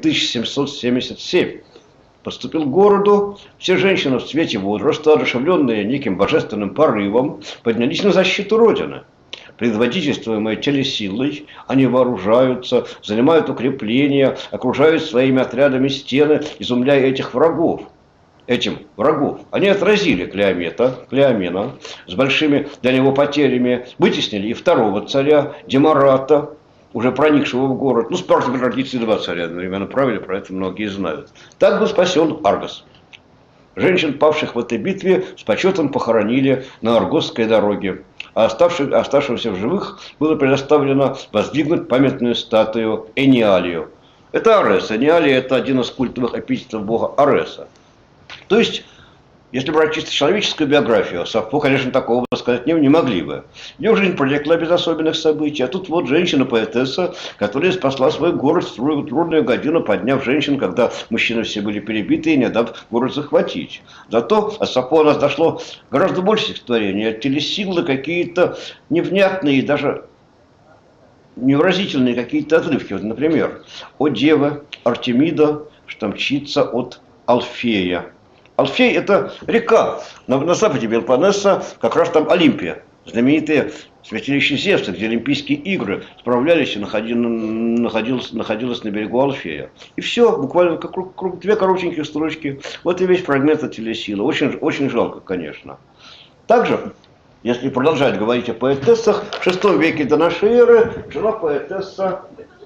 7777. Подступил к городу, все женщины в цвете возраста, одушевленные неким божественным порывом, поднялись на защиту Родины. Предводительствуемые Телесиллой, они вооружаются, занимают укрепления, окружают своими отрядами стены, изумляя этих врагов. этим врагов. Они отразили Клеомена с большими для него потерями, вытеснили и второго царя Демарата, уже проникшего в город. Ну, Спартак традиции два царя одновременно правили, про это многие знают. Так был спасен Аргос. Женщин, павших в этой битве, с почетом похоронили на Аргосской дороге. А оставшимся в живых было предоставлено воздвигнуть памятную статую Эниалию. Это Арес. Эниалия – это один из культовых эпитетов бога Ареса. То есть, если брать чисто человеческую биографию, Сафо, конечно, такого сказать не могли бы. Ее жизнь протекла без особенных событий. А тут вот женщина-поэтесса, которая спасла свой город в трудную годину, подняв женщин, когда мужчины все были перебиты и не дав город захватить. Зато от Сафо у нас дошло гораздо больше стихотворений. От телесилы какие-то невнятные и даже невыразительные какие-то отрывки. Вот, например, «О дева Артемида, что мчится от Алфея». Алфей – это река на западе Пелопоннеса, как раз там Олимпия, знаменитое святилище Зевса, где Олимпийские игры справлялись и находилось на берегу Алфея. И все, буквально как две коротенькие строчки. Вот и весь фрагмент от телесилы. Очень, очень жалко, конечно. Также, если продолжать говорить о поэтессах, в VI веке до нашей эры жила поэтесса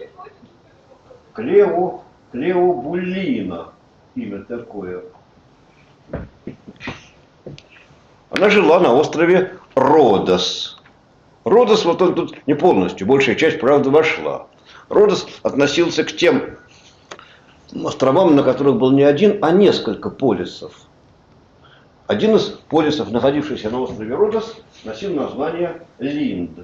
Клеобулина. Имя такое. Она жила на острове Родос. Родос, вот он тут не полностью, большая часть, правда, вошла. Родос относился к тем островам, на которых был не один, а несколько полисов. Один из полисов, находившийся на острове Родос, носил название Линд.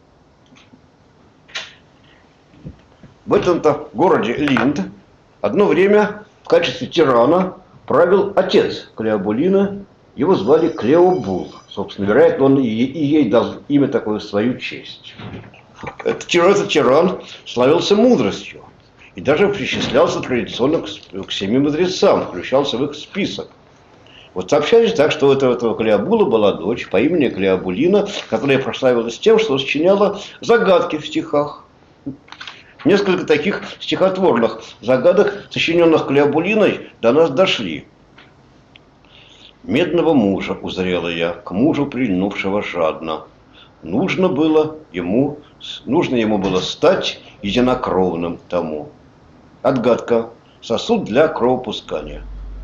В этом-то городе Линд одно время в качестве тирана правил отец Клеобулина, его звали Клеобул. Собственно, вероятно, он и ей дал имя такое в свою честь. Этот тиран славился мудростью и даже причислялся традиционно к 7 мудрецам, включался в их список. Вот сообщались так, что у этого Клеобула была дочь по имени Клеобулина, которая прославилась тем, что сочиняла загадки в стихах. Несколько таких стихотворных загадок, сочиненных Клеобулиной, до нас дошли. «Медного мужа узрела я, к мужу прильнувшего жадно. Нужно ему было стать единокровным тому». Отгадка. Сосуд для кровопускания.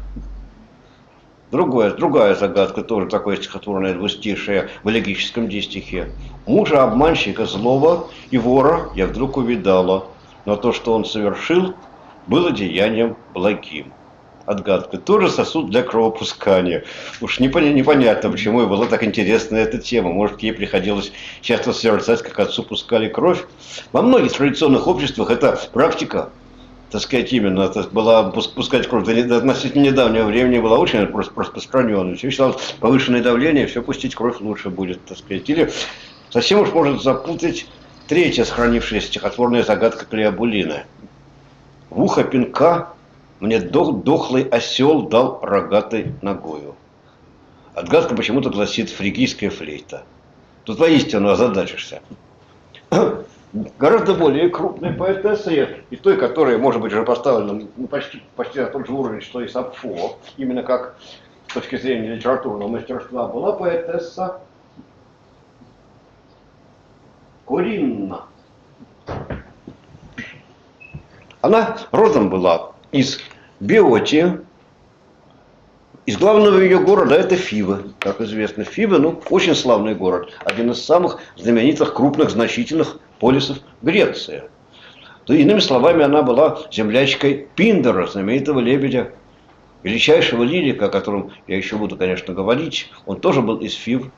Другая загадка, тоже такое стихотворное двустишее в элегическом дистихе. «Мужа обманщика злого и вора я вдруг увидала, но то, что он совершил, было деянием благим». Отгадка. Тоже сосуд для кровопускания. Уж непонятно, почему ей была так интересна эта тема. Может, ей приходилось часто созерцать, как отцу пускали кровь. Во многих традиционных обществах эта практика, так сказать, именно была пускать кровь до относительно недавнего времени была очень распространенной. Все считалось, повышенное давление, все пустить кровь лучше будет, так сказать. Или совсем уж может запутать третья сохранившаяся стихотворная загадка Клеобулины. «В ухо пинка мне дохлый осел дал рогатой ногою». Отгадка почему-то гласит «фригийская флейта». Тут воистину озадачишься. Гораздо более крупной поэтессой, и той, которая, может быть, уже поставлена почти на тот же уровень, что и Сафо, именно как с точки зрения литературного мастерства, была поэтесса Коринна. Она родом была из Беотии, из главного ее города это Фивы, как известно. Фивы, очень славный город, один из самых знаменитых, крупных, значительных полисов Греции. То, иными словами, она была землячкой Пиндара, знаменитого лебедя, величайшего лирика, о котором я еще буду, конечно, говорить. Он тоже был из Фив.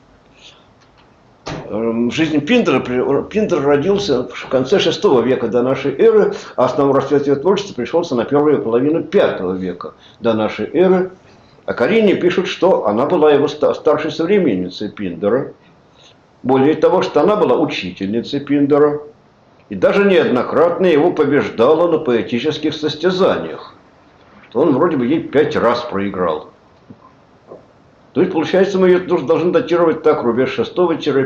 В жизни Пиндар родился в конце VI века до нашей эры, а основной расцвет его творчества пришелся на первую половину V века до нашей эры. О Корине пишут, что она была его старшей современницей Пиндара. Более того, что она была учительницей Пиндара. И даже неоднократно его побеждала на поэтических состязаниях. Что он вроде бы ей 5 раз проиграл. То есть, получается, мы ее должны датировать так, рубеж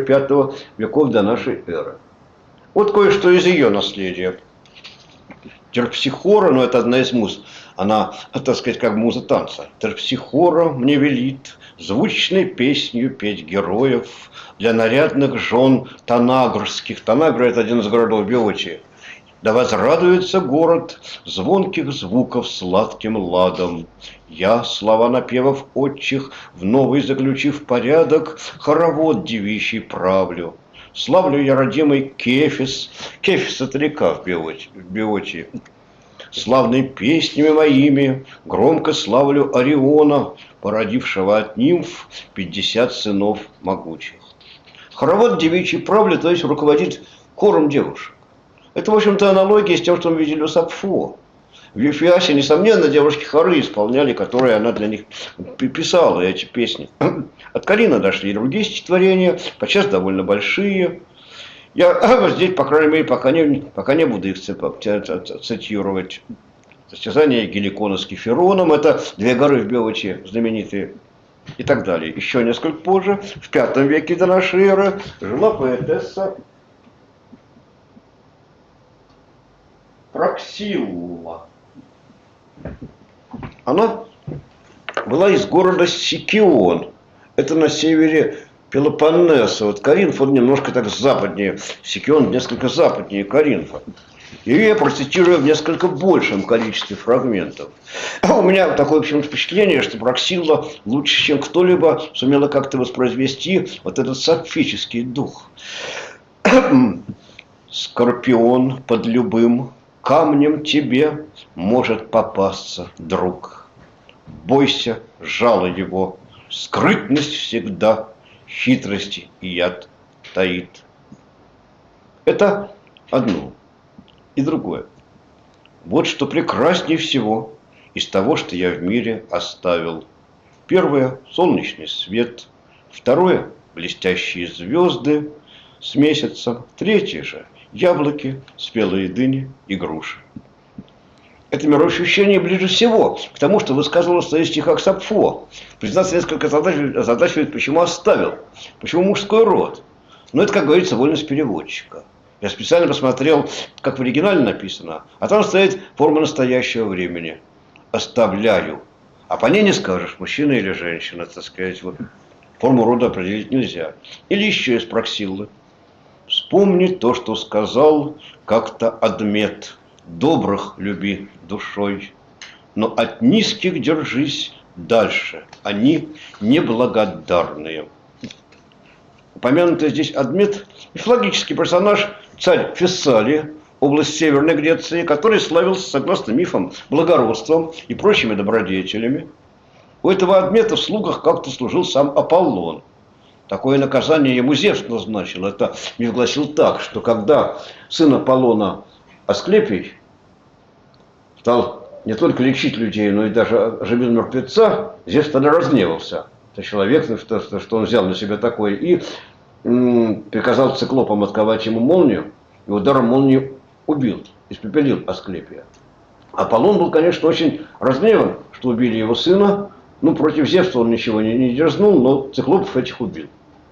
6-5 веков до нашей эры. Вот кое-что из ее наследия. Терпсихора, но это одна из муз, она, так сказать, как муза танца. Терпсихора мне велит звучной песнью петь героев для нарядных жен танагрских. Танагра – это один из городов Беотии. Да возрадуется город звонких звуков сладким ладом. Я, слова напевов отчих, в новый заключив порядок, хоровод девичий правлю. Славлю я родимый Кефис. Кефис – это река в Беотии. Славными песнями моими громко славлю Ориона, породившего от нимф 50 сынов могучих. Хоровод девичий правли, то есть руководит хором девушек. Это, в общем-то, аналогия с тем, что мы видели у Сапфо. В Ефиасе, несомненно, девушки хоры исполняли, которые она для них писала, эти песни. От Карина дошли и другие стихотворения, подчас довольно большие. Я здесь, по крайней мере, пока не буду их цитировать. Состязание Геликона с Кефироном, это две горы в Беотии знаменитые, и так далее. Еще несколько позже, в V веке до нашей эры, жила поэтесса Проксилла. Она была из города Сикион. Это на севере Пелопоннеса. Вот Коринф, он немножко так западнее. Сикион несколько западнее Коринфа. И я процитирую в несколько большем количестве фрагментов. У меня такое, в общем, впечатление, что Проксилла лучше, чем кто-либо, сумела как-то воспроизвести вот этот сапфический дух. Скорпион под любым камнем тебе может попасться, друг. Бойся жало его, скрытность всегда, хитрости и яд таит. Это одно. И другое. Вот что прекраснее всего из того, что я в мире оставил. Первое – солнечный свет. Второе – блестящие звезды с месяцем. Третье же – яблоки, спелые дыни и груши. Это мироощущение ближе всего к тому, что высказывал в своих стихах Сапфо. Признаться, несколько озадачивает, почему оставил, почему мужской род. Но это, как говорится, вольность переводчика. Я специально посмотрел, как в оригинале написано, а там стоит форма настоящего времени. Оставляю. А по ней не скажешь, мужчина или женщина, так сказать. Вот. Форму рода определить нельзя. Или еще из Проксиллы. Вспомни то, что сказал как-то Адмет. Добрых люби душой, но от низких держись дальше. Они неблагодарные. Упомянутый здесь Адмет – мифологический персонаж, царь Фессалии, область Северной Греции, который славился, согласно мифам, благородством и прочими добродетелями. У этого Адмета в слугах как-то служил сам Аполлон. Такое наказание ему Зевс назначил. Это миф гласил так, что когда сын Аполлона Асклепий стал не только лечить людей, но и даже оживил мертвеца, Зевс тогда разгневался. Это человек, что он взял на себя такое, и приказал циклопам отковать ему молнию, и ударом молнии убил, испепелил Асклепия. Аполлон был, конечно, очень разгневан, что убили его сына. Ну, против Зевса он ничего не дерзнул, но циклопов этих убил.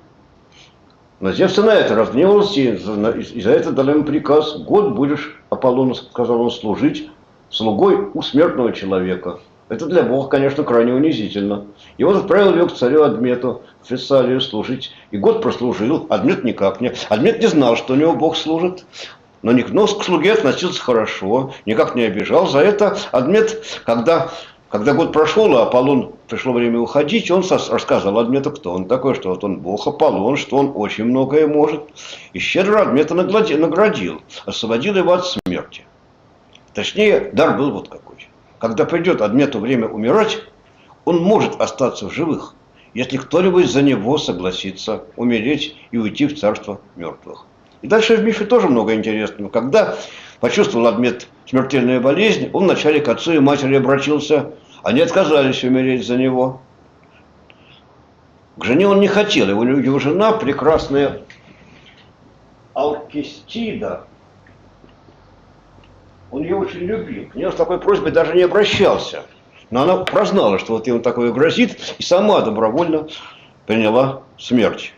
Но Зевс на это разгневался, и за это дал ему приказ: год будешь, Аполлону, сказал он, служить слугой у смертного человека. Это для Бога, конечно, крайне унизительно. И он отправил его к царю Адмету в Фессалию служить. И год прослужил, Адмет никак не. Адмет не знал, что у него Бог служит. Но к слуге относился хорошо, никак не обижал. За это Адмет, когда год прошел, а Аполлон пришло время уходить, он рассказал Адмету, кто он такой, что вот он бог Аполлон, что он очень многое может. И щедро Адмета наградил, освободил его от смерти. Точнее, дар был вот какой. Когда придет Адмету время умирать, он может остаться в живых, если кто-нибудь за него согласится умереть и уйти в царство мертвых. И дальше в мифе тоже много интересного. Когда почувствовал Адмет смертельную болезнь, он вначале к отцу и матери обратился. Они отказались умереть за него. К жене он не хотел. Его жена, прекрасная Алкестида, он ее очень любил. К ней с такой просьбой даже не обращался. Но она прознала, что вот ему такое грозит, и сама добровольно приняла смерть.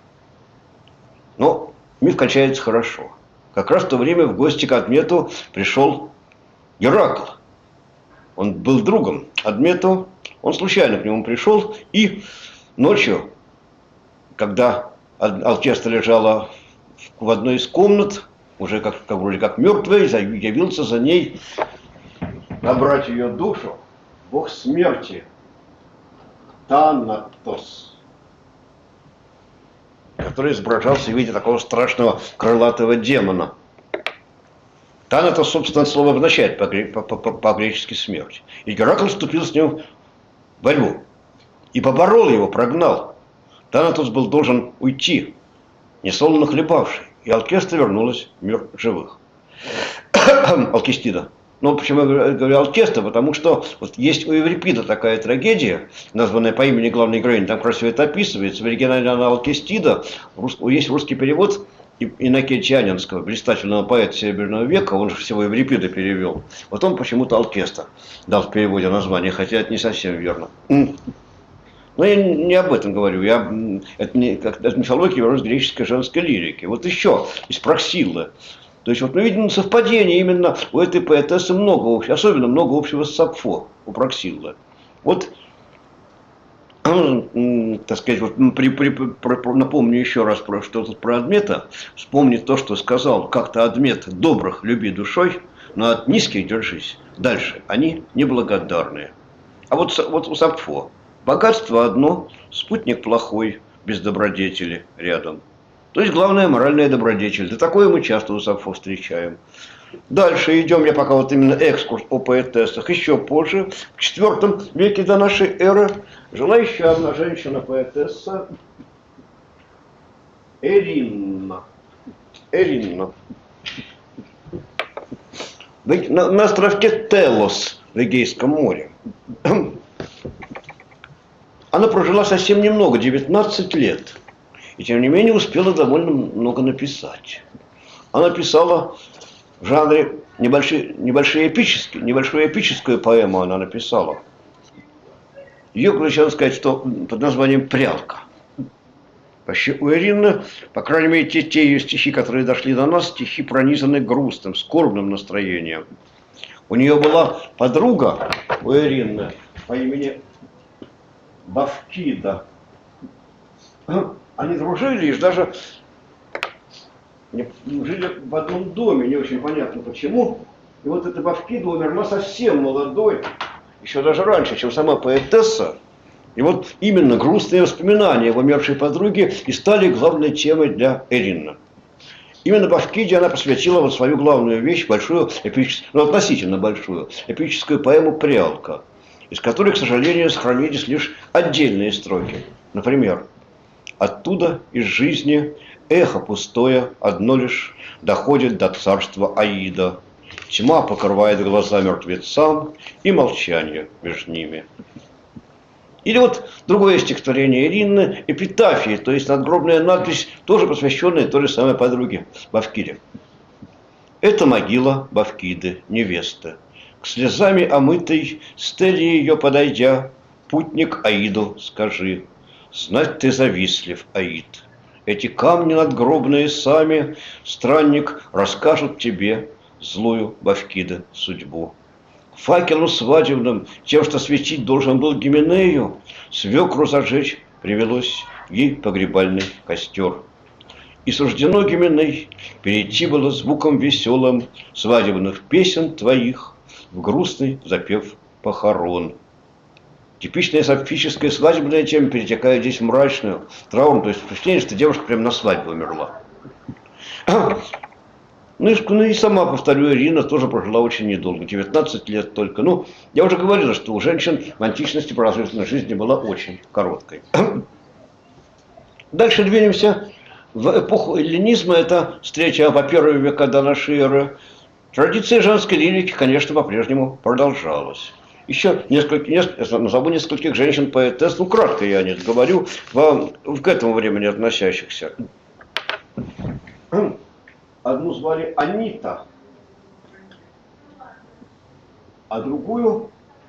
Но миф кончается хорошо. Как раз в то время в гости к Адмету пришел Геракл. Он был другом Адметова. Он случайно к нему пришел и ночью, когда Алкеста лежала в одной из комнат, уже вроде как мертвая, явился за ней набрать ее душу бог смерти Танатос, который изображался в виде такого страшного крылатого демона. Танатос, собственно, слово означает по-гречески смерть. И Геракл вступил с ним в борьбу и поборол его, прогнал. Танатос был должен уйти, несолоно хлебавший, и Алкеста вернулась в мир живых. Алкестида. Ну, почему я говорю Алкеста? Потому что вот есть у Еврипида такая трагедия, названная по имени главной героини, там красиво это описывается. В оригинале она Алкестида. Есть русский перевод Иннокентианинского, блистательного поэта Серебряного века, он же всего Еврипида перевел. Вот он почему-то Алкеста дал в переводе название, хотя это не совсем верно. Но я не об этом говорю. Это мифология греческой женской лирики. Вот еще из Проксиллы. То есть вот мы видим совпадение именно у этой поэтессы много общего, особенно много общего с Сапфо, у Проксиллы. Вот, так сказать, вот напомню еще раз что тут про Адмета. Вспомни то, что сказал как-то Адмет: добрых люби душой, но от низких держись. Дальше они неблагодарные. А вот у Сапфо богатство одно, спутник плохой, без добродетели рядом. То есть главная моральная добродетель. Да такое мы часто у Сапфо встречаем. Дальше идем, я пока вот именно экскурс о поэтессах. Еще позже, в IV веке до нашей эры, жила еще одна женщина-поэтесса, Эринна. На островке Телос в Эгейском море. Она прожила совсем немного, 19 лет. И тем не менее успела довольно много написать. Она писала в жанре небольшую эпическую поэму она написала. Ее, можно сказать, что под названием «Прялка». Вообще у Эринны, по крайней мере, те ее стихи, которые дошли до нас, стихи пронизаны грустным, скорбным настроением. У нее была подруга, у Эринны, по имени Бавкида. Они дружили и даже жили в одном доме, не очень понятно почему. И вот эта Бавкида умерла совсем молодой, еще даже раньше, чем сама поэтесса. И вот именно грустные воспоминания об умершей подруге и стали главной темой для Эринны. Именно Бавкиде она посвятила вот свою главную вещь, большую, относительно большую, эпическую поэму «Прялка», из которой, к сожалению, сохранились лишь отдельные строки. Например: «Оттуда, из жизни, эхо пустое, одно лишь, доходит до царства Аида. Тьма покрывает глаза мертвецам, и молчание между ними». Или вот другое стихотворение Эринны «Эпитафии», то есть надгробная надпись, тоже посвященная той же самой подруге Бавкиде. «Это могила Бавкиды, невесты. К слезами омытой стеле ее подойдя, путник Аиду скажи: знать ты завистлив, Аид. Эти камни надгробные сами, странник, расскажут тебе злую Бавкиды судьбу. Факелу свадебным, тем, что светить должен был Гименею, свекру зажечь привелось ей погребальный костер. И суждено Гименей перейти было звуком веселым свадебных песен твоих в грустный запев похорон». Типичная сапфическая свадебная тема перетекает здесь в мрачную, траурную, то есть впечатление, что девушка прямо на свадьбе умерла. Ну и сама, повторю, Ирина тоже прожила очень недолго, 19 лет только. Ну, я уже говорил, что у женщин в античности продолжительность жизни была очень короткой. Дальше двинемся в эпоху эллинизма, это с 3 по 1 века до нашей эры. Традиция женской лирики, конечно, по-прежнему продолжалась. Еще назову нескольких женщин-поэтесс, ну, кратко я о них говорю, к этому времени относящихся. Одну звали Анита, а другую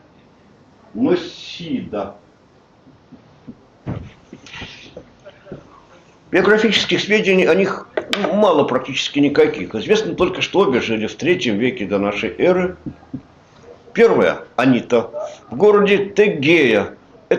Носида. Биографических сведений о них мало, практически никаких. Известно только, что обе жили в III веке до нашей эры. Первая, Анита, в городе Тегея.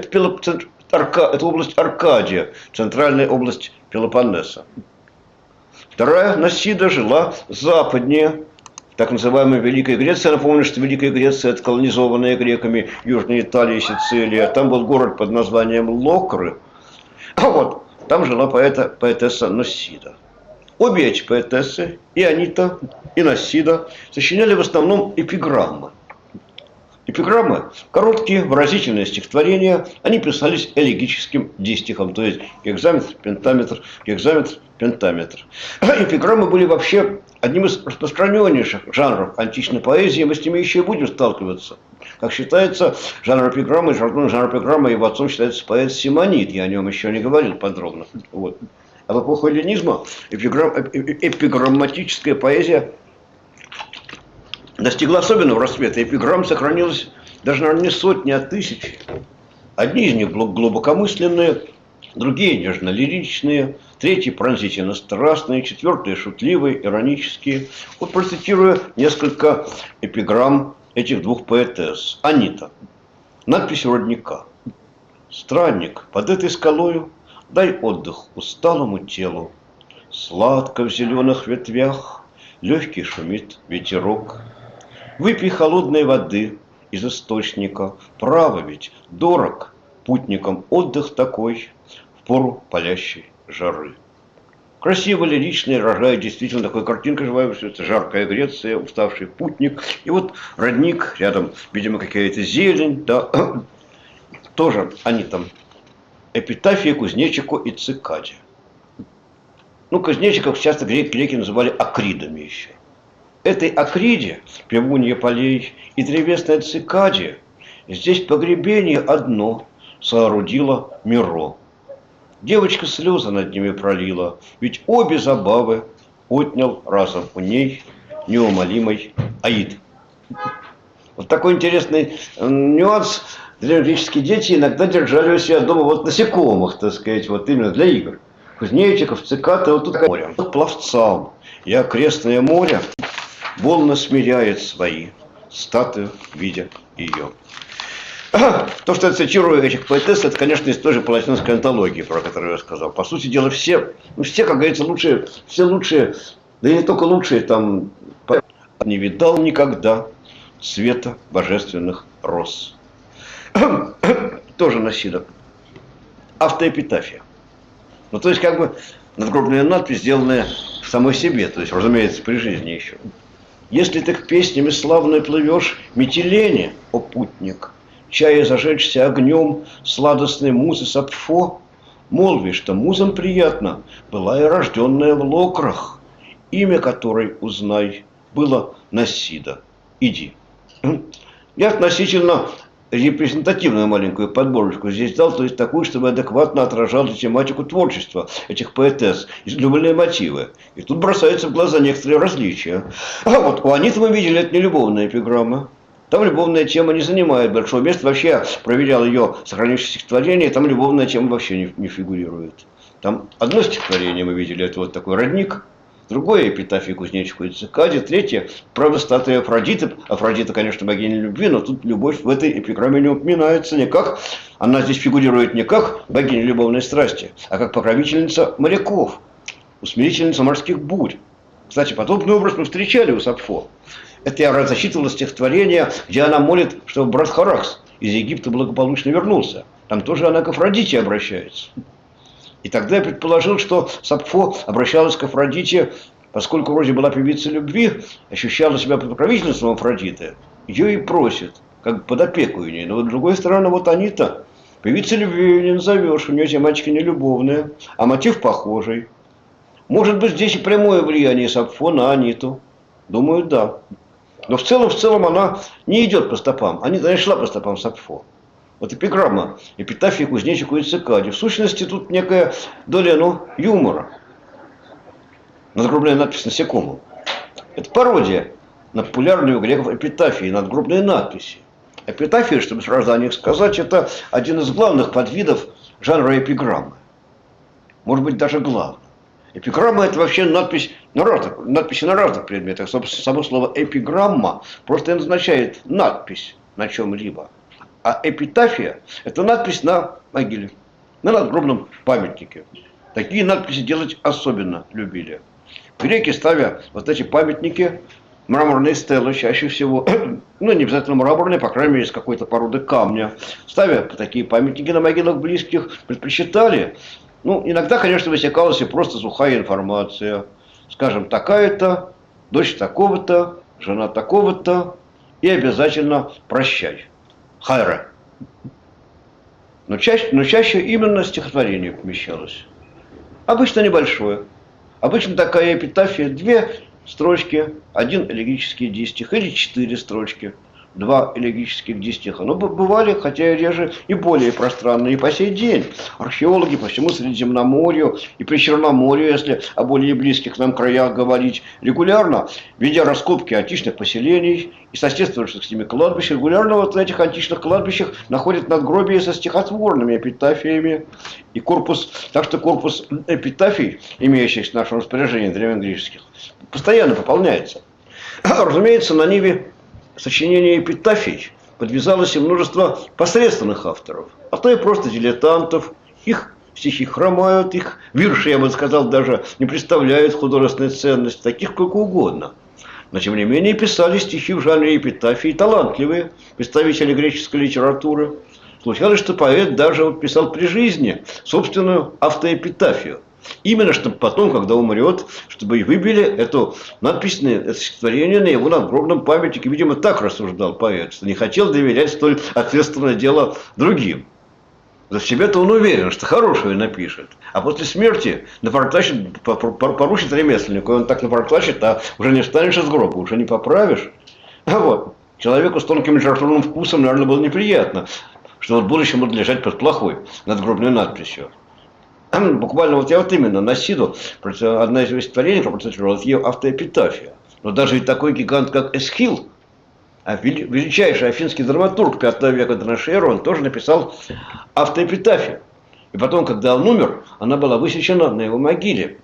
Это область Аркадия, центральная область Пелопоннеса. Вторая, Насида, жила западнее, в так называемой Великой Греции. Я напомню, что Великая Греция – это колонизованная греками Южная Италия и Сицилия. Там был город под названием Локры. А вот там жила поэтесса Насида. Обе эти поэтессы, и Анита, и Насида, сочиняли в основном эпиграммы. Эпиграммы – короткие, выразительные стихотворения. Они писались элегическим дистихом, то есть гекзаметр, пентаметр, гекзаметр, пентаметр. Эпиграммы были вообще одним из распространеннейших жанров античной поэзии. Мы с ними еще и будем сталкиваться. Как считается, жанр эпиграммы, его отцом считается поэт Симонид. Я о нем еще не говорил подробно. Вот. А в эпоху эллинизма эпиграмматическая поэзия достигла особенного расцвета. Эпиграмм сохранилось даже, наверное, не сотни, а тысячи. Одни из них глубокомысленные, другие нежно-лиричные, третьи пронзительно страстные, четвертые шутливые, иронические. Вот процитирую несколько эпиграмм этих двух поэтесс. Анита. Надпись у родника. Странник, под этой скалою дай отдых усталому телу. Сладко в зеленых ветвях легкий шумит ветерок. Выпей холодной воды из источника. Право ведь дорог путникам отдых такой в пору палящей жары. Красиво, лирично, рожает действительно такой картинка живая, все это жаркая Греция, уставший путник. И вот родник, рядом, видимо, какая-то зелень, да, тоже они там. Эпитафия кузнечику и цикаде. Ну, кузнечиков часто греки называли акридами еще. Этой акриде, пивунья полей и древесной цикаде, здесь погребение одно соорудила Миро. Девочка слезы над ними пролила, ведь обе забавы отнял разом у ней неумолимый Аид. Вот такой интересный нюанс. Древнегреческие дети иногда держали у себя дома вот насекомых, так сказать, вот именно для игр. Кузнечиков, цикад, и вот тут море. Пловцам и окрестное море волны смиряет свои, статую видя ее. То, что я цитирую этих поэтесс, это, конечно, из той же палатинской антологии, про которую я сказал. По сути дела, все, как говорится, лучшие, все лучшие, да и не только лучшие, там, не видал никогда света божественных роз. Тоже Насида. Автоэпитафия. Ну, то есть, как бы, надгробная надпись, сделанная в самой себе, то есть, разумеется, при жизни еще. Если ты к песнями славной плывешь, метеление, о путник, чая зажечься огнем сладостной музы Сапфо, молви, что музам приятно была и рожденная в Локрах, имя которой, узнай, было Насида. Иди. Я относительно репрезентативную маленькую подборочку здесь дал, то есть такую, чтобы адекватно отражала тематику творчества этих поэтесс, излюбленные мотивы. И тут бросаются в глаза некоторые различия. А вот у Аниты мы видели, это не любовная эпиграмма. Там любовная тема не занимает большого места. Вообще я проверял ее сохранившееся стихотворение, там любовная тема вообще не фигурирует. Там одно стихотворение мы видели, это вот такой родник. Другое – эпитафия кузнечику и цикаде. Третье – правда, статуя Афродиты. Афродита, конечно, богиня любви, но тут любовь в этой эпиграмме не упоминается никак. Она здесь фигурирует не как богиня любовной страсти, а как покровительница моряков, усмирительница морских бурь. Кстати, подобный образ мы встречали у Сапфо. Это я зачитывал стихотворение, где она молит, чтобы брат Харакс из Египта благополучно вернулся. Там тоже она к Афродите обращается. И тогда я предположил, что Сапфо обращалась к Афродите, поскольку вроде была певицей любви, ощущала себя под покровительством Афродиты, ее и просит, как под опеку у нее. Но вот с другой стороны, вот Анита, певицей любви ее не назовешь, у нее тематика не любовная, а мотив похожий. Может быть, здесь и прямое влияние Сапфо на Аниту. Думаю, да. Но в целом она не идет по стопам. Анита не шла по стопам Сапфо. Вот эпиграмма, эпитафия кузнечику и цикаде. В сущности, тут некая доля, юмора. Надгробная надпись насекомым. Это пародия на популярные у греков эпитафии, надгробные надписи. Эпитафия, чтобы сразу о них сказать, это один из главных подвидов жанра эпиграммы. Может быть, даже главный. Эпиграмма – это вообще надписи на разных предметах. Собственно, само слово эпиграмма просто означает надпись на чем-либо. А эпитафия – это надпись на могиле, на надгробном памятнике. Такие надписи делать особенно любили. Греки, ставя вот эти памятники, мраморные стелы чаще всего, ну не обязательно мраморные, по крайней мере, из какой-то породы камня, ставя такие памятники на могилах близких, предпочитали. Ну, иногда, конечно, высекалась и просто сухая информация. Скажем, такая-то, дочь такого-то, жена такого-то, и обязательно прощай. Хайра. Но чаще именно стихотворение помещалось. Обычно небольшое. Обычно такая эпитафия, 2 строчки, 1 элегический дистих или 4 строчки, 2 элегических дистиха. Но бывали, хотя и реже, и более пространные. И по сей день археологи по всему Средиземноморью и при Черноморье, если о более близких нам краях говорить, регулярно, ведя раскопки античных поселений и соседствующих с ними кладбищ, регулярно вот на этих античных кладбищах находят надгробия со стихотворными эпитафиями. И так что корпус эпитафий, имеющихся в нашем распоряжении древнегреческих, постоянно пополняется. Разумеется, на ниве сочинения эпитафий подвязалось и множество посредственных авторов, а то и просто дилетантов. Их стихи хромают, их вирши, я бы сказал, даже не представляют художественной ценности, таких сколько угодно. Но тем не менее писали стихи в жанре эпитафии талантливые представители греческой литературы. Случалось, что поэт даже писал при жизни собственную автоэпитафию. Именно чтобы потом, когда умрет, чтобы и выбили эту надпись, это стихотворение на его надгробном памятнике. Видимо, так рассуждал поэт, что не хотел доверять столь ответственное дело другим. За себя-то он уверен, что хорошее напишет. А после смерти поручит ремесленнику, и он так напортачит, а уже не встанешь из гроба, уже не поправишь. А вот, человеку с тонким литературным вкусом, наверное, было неприятно, что вот будущее будет лежать под плохой надгробной надписью. Буквально вот я вот именно на Сиду, одна из его стихотворений, которая процитировала, это ее автоэпитафия. Но даже и такой гигант, как Эсхил, величайший афинский драматург 5 века до нашей эры, он тоже написал автоэпитафию. И потом, когда он умер, она была высечена на его могиле.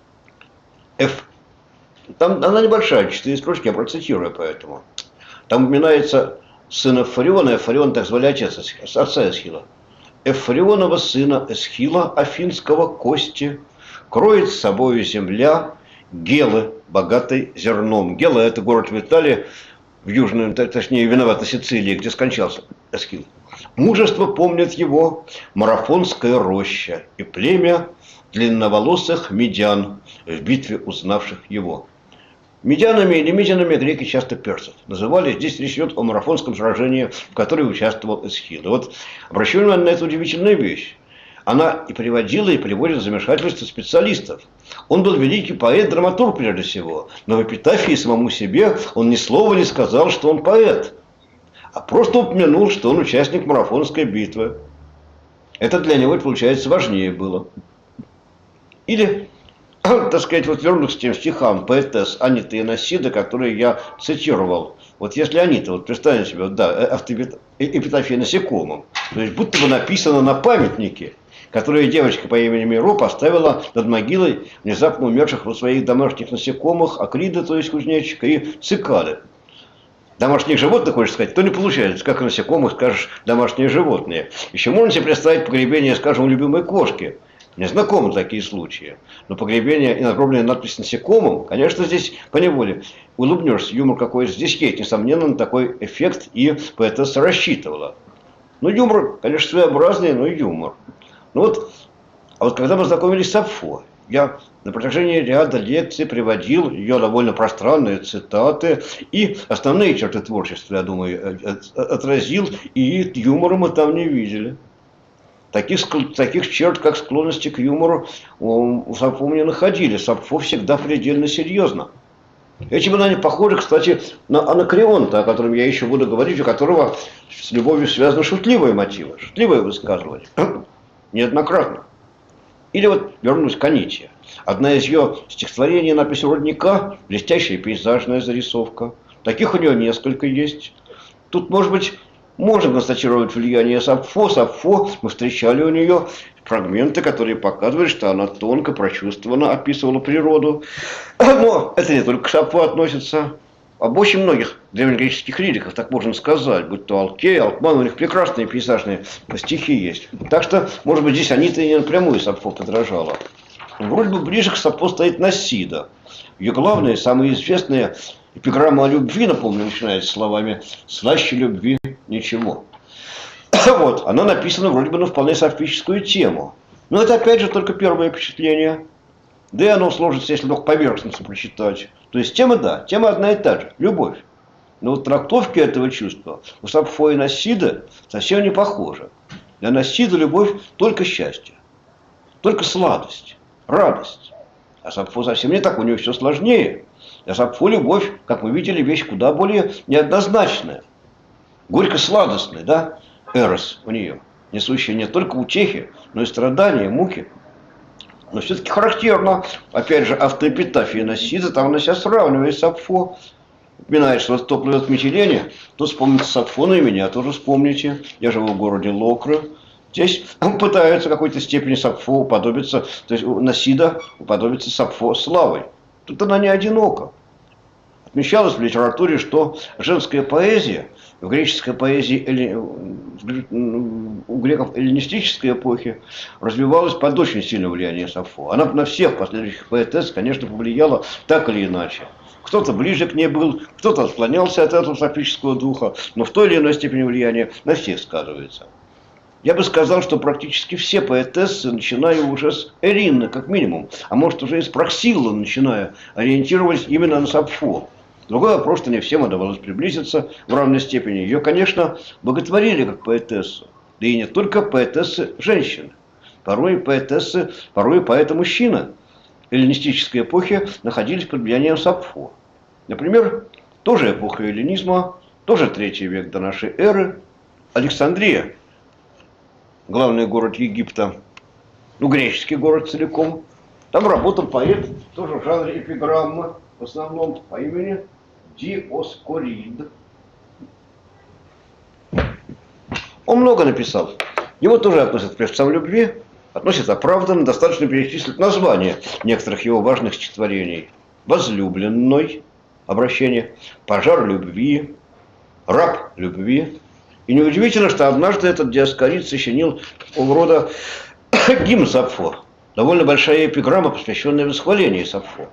Там она небольшая, 4 строчки, я процитирую поэтому. Там упоминается сын Эфариона, Эфарион, так звали отца Эсхила. Эфарионова сына Эсхила, афинского кости, кроет с собою земля Гелы, богатой зерном. Гела – это город в Италии, в южной, точнее, виновата Сицилии, где скончался Эсхил. Мужество помнит его марафонская роща и племя длинноволосых медян, в битве узнавших его. Медянами или медянами греки часто персов называли. Здесь речь идет о марафонском сражении, в котором участвовал Эсхил. И вот обращаю внимание на эту удивительную вещь. Она и приводила, и приводит в замешательство специалистов. Он был великий поэт, драматург прежде всего. Но в эпитафии самому себе он ни слова не сказал, что он поэт. А просто упомянул, что он участник марафонской битвы. Это для него, получается, важнее было. Или, так сказать, вот вернусь к тем стихам поэтесс Аниты Еносиды, которые я цитировал. Вот если Анита, вот представьте себе, вот, да, эпитафия насекомым, то есть будто бы написано на памятнике, которые девочка по имени Миро поставила над могилой внезапно умерших вот своих домашних насекомых, акрида, то есть кузнечика, и цикады. Домашних животных, хочешь сказать, то не получается. Как насекомых скажешь домашние животные. Еще можно себе представить погребение, скажем, у любимой кошки. Мне знакомы такие случаи. Но погребение и надгробная надпись насекомым, конечно, здесь поневоле улыбнешься. Юмор какой-то здесь есть. Несомненно, на такой эффект и поэтесса рассчитывала. Ну, юмор, конечно, своеобразный, но юмор. Ну вот, а вот когда мы знакомились с Сафо, я на протяжении ряда лекций приводил ее довольно пространные цитаты и основные черты творчества, я думаю, отразил, и юмора мы там не видели. Таких черт, как склонности к юмору, у Сафо мы не находили. Сафо всегда предельно серьезно. Этим она не похожа, кстати, на Анакреонта, о котором я еще буду говорить, у которого с любовью связаны шутливые мотивы, шутливые высказывания. Неоднократно. Или вот вернусь к Аните. Одна из ее стихотворений «Напись родника» – блестящая пейзажная зарисовка. Таких у нее несколько есть. Тут, может быть, Можно констатировать влияние Сапфо. Сапфо, мы встречали у нее фрагменты, которые показывают, что она тонко, прочувствованно описывала природу. Но это не только к Сапфо относится. Об очень многих древнегреческих лириках, так можно сказать, будь то Алкей, Алкман, у них прекрасные пейзажные стихи есть. Так что, может быть, здесь они-то и не напрямую Сапфо подражала. Вроде бы ближе к Сапфо стоит Насида. Ее главная, самая известная эпиграмма о любви, напомню, начинается словами «слаще любви ничего». Вот, она написана вроде бы на вполне софическую тему. Но это опять же только первое впечатление. Да и оно сложится, если только поверхностно прочитать. То есть тема, да, тема одна и та же. Любовь. Но вот трактовки этого чувства у Сапфо и Насида совсем не похожи. Для Насида любовь только счастье. Только сладость, радость. А Сапфо совсем не так, у нее все сложнее. Для Сапфо любовь, как мы видели, вещь куда более неоднозначная. Горько-сладостная, да, эрос у нее. Несущая не только утехи, но и страдания, муки. Но все-таки характерно, опять же, автоэпитафия Насида, там она себя сравнивает с Сапфо. Упоминает, что то плывет Митилene, то вспомните Сапфо, и меня тоже вспомните. Я живу в городе Локры. Здесь он пытается в какой-то степени Сапфо уподобиться, то есть Насида уподобиться Сапфо славой. Тут она не одинока. Отмечалось в литературе, что женская поэзия, в греческой поэзии, у греков эллинистической эпохи, развивалась под очень сильным влиянием Сапфо. Она на всех последующих поэтесс, конечно, повлияла так или иначе. Кто-то ближе к ней был, кто-то отклонялся от этого сапфического духа, но в той или иной степени влияние на всех сказывается. Я бы сказал, что практически все поэтессы, начиная уже с Эринны, как минимум, а может уже и с Проксиллы, начиная, ориентировались именно на Сапфо. Другой вопрос, что не всем удавалось приблизиться в равной степени. Ее, конечно, боготворили как поэтессу. Да и не только поэтессы женщины. Порой поэтессы, порой поэты-мужчина эллинистической эпохи находились под влиянием Сапфо. Например, тоже эпоха эллинизма, тоже 3 век до нашей эры. Александрия, главный город Египта, греческий город целиком. Там работал поэт, тоже в жанре эпиграммы, в основном по имени Диоскорид. Он много написал. Его тоже относят к певцам любви, относят оправданно, достаточно перечислить названия некоторых его важных стихотворений. «Возлюбленной», обращение, «Пожар любви», «Раб любви». И неудивительно, что однажды этот Диоскорид сочинил такого рода гимн Сапфо. Довольно большая эпиграмма, посвященная восхвалению Сапфо.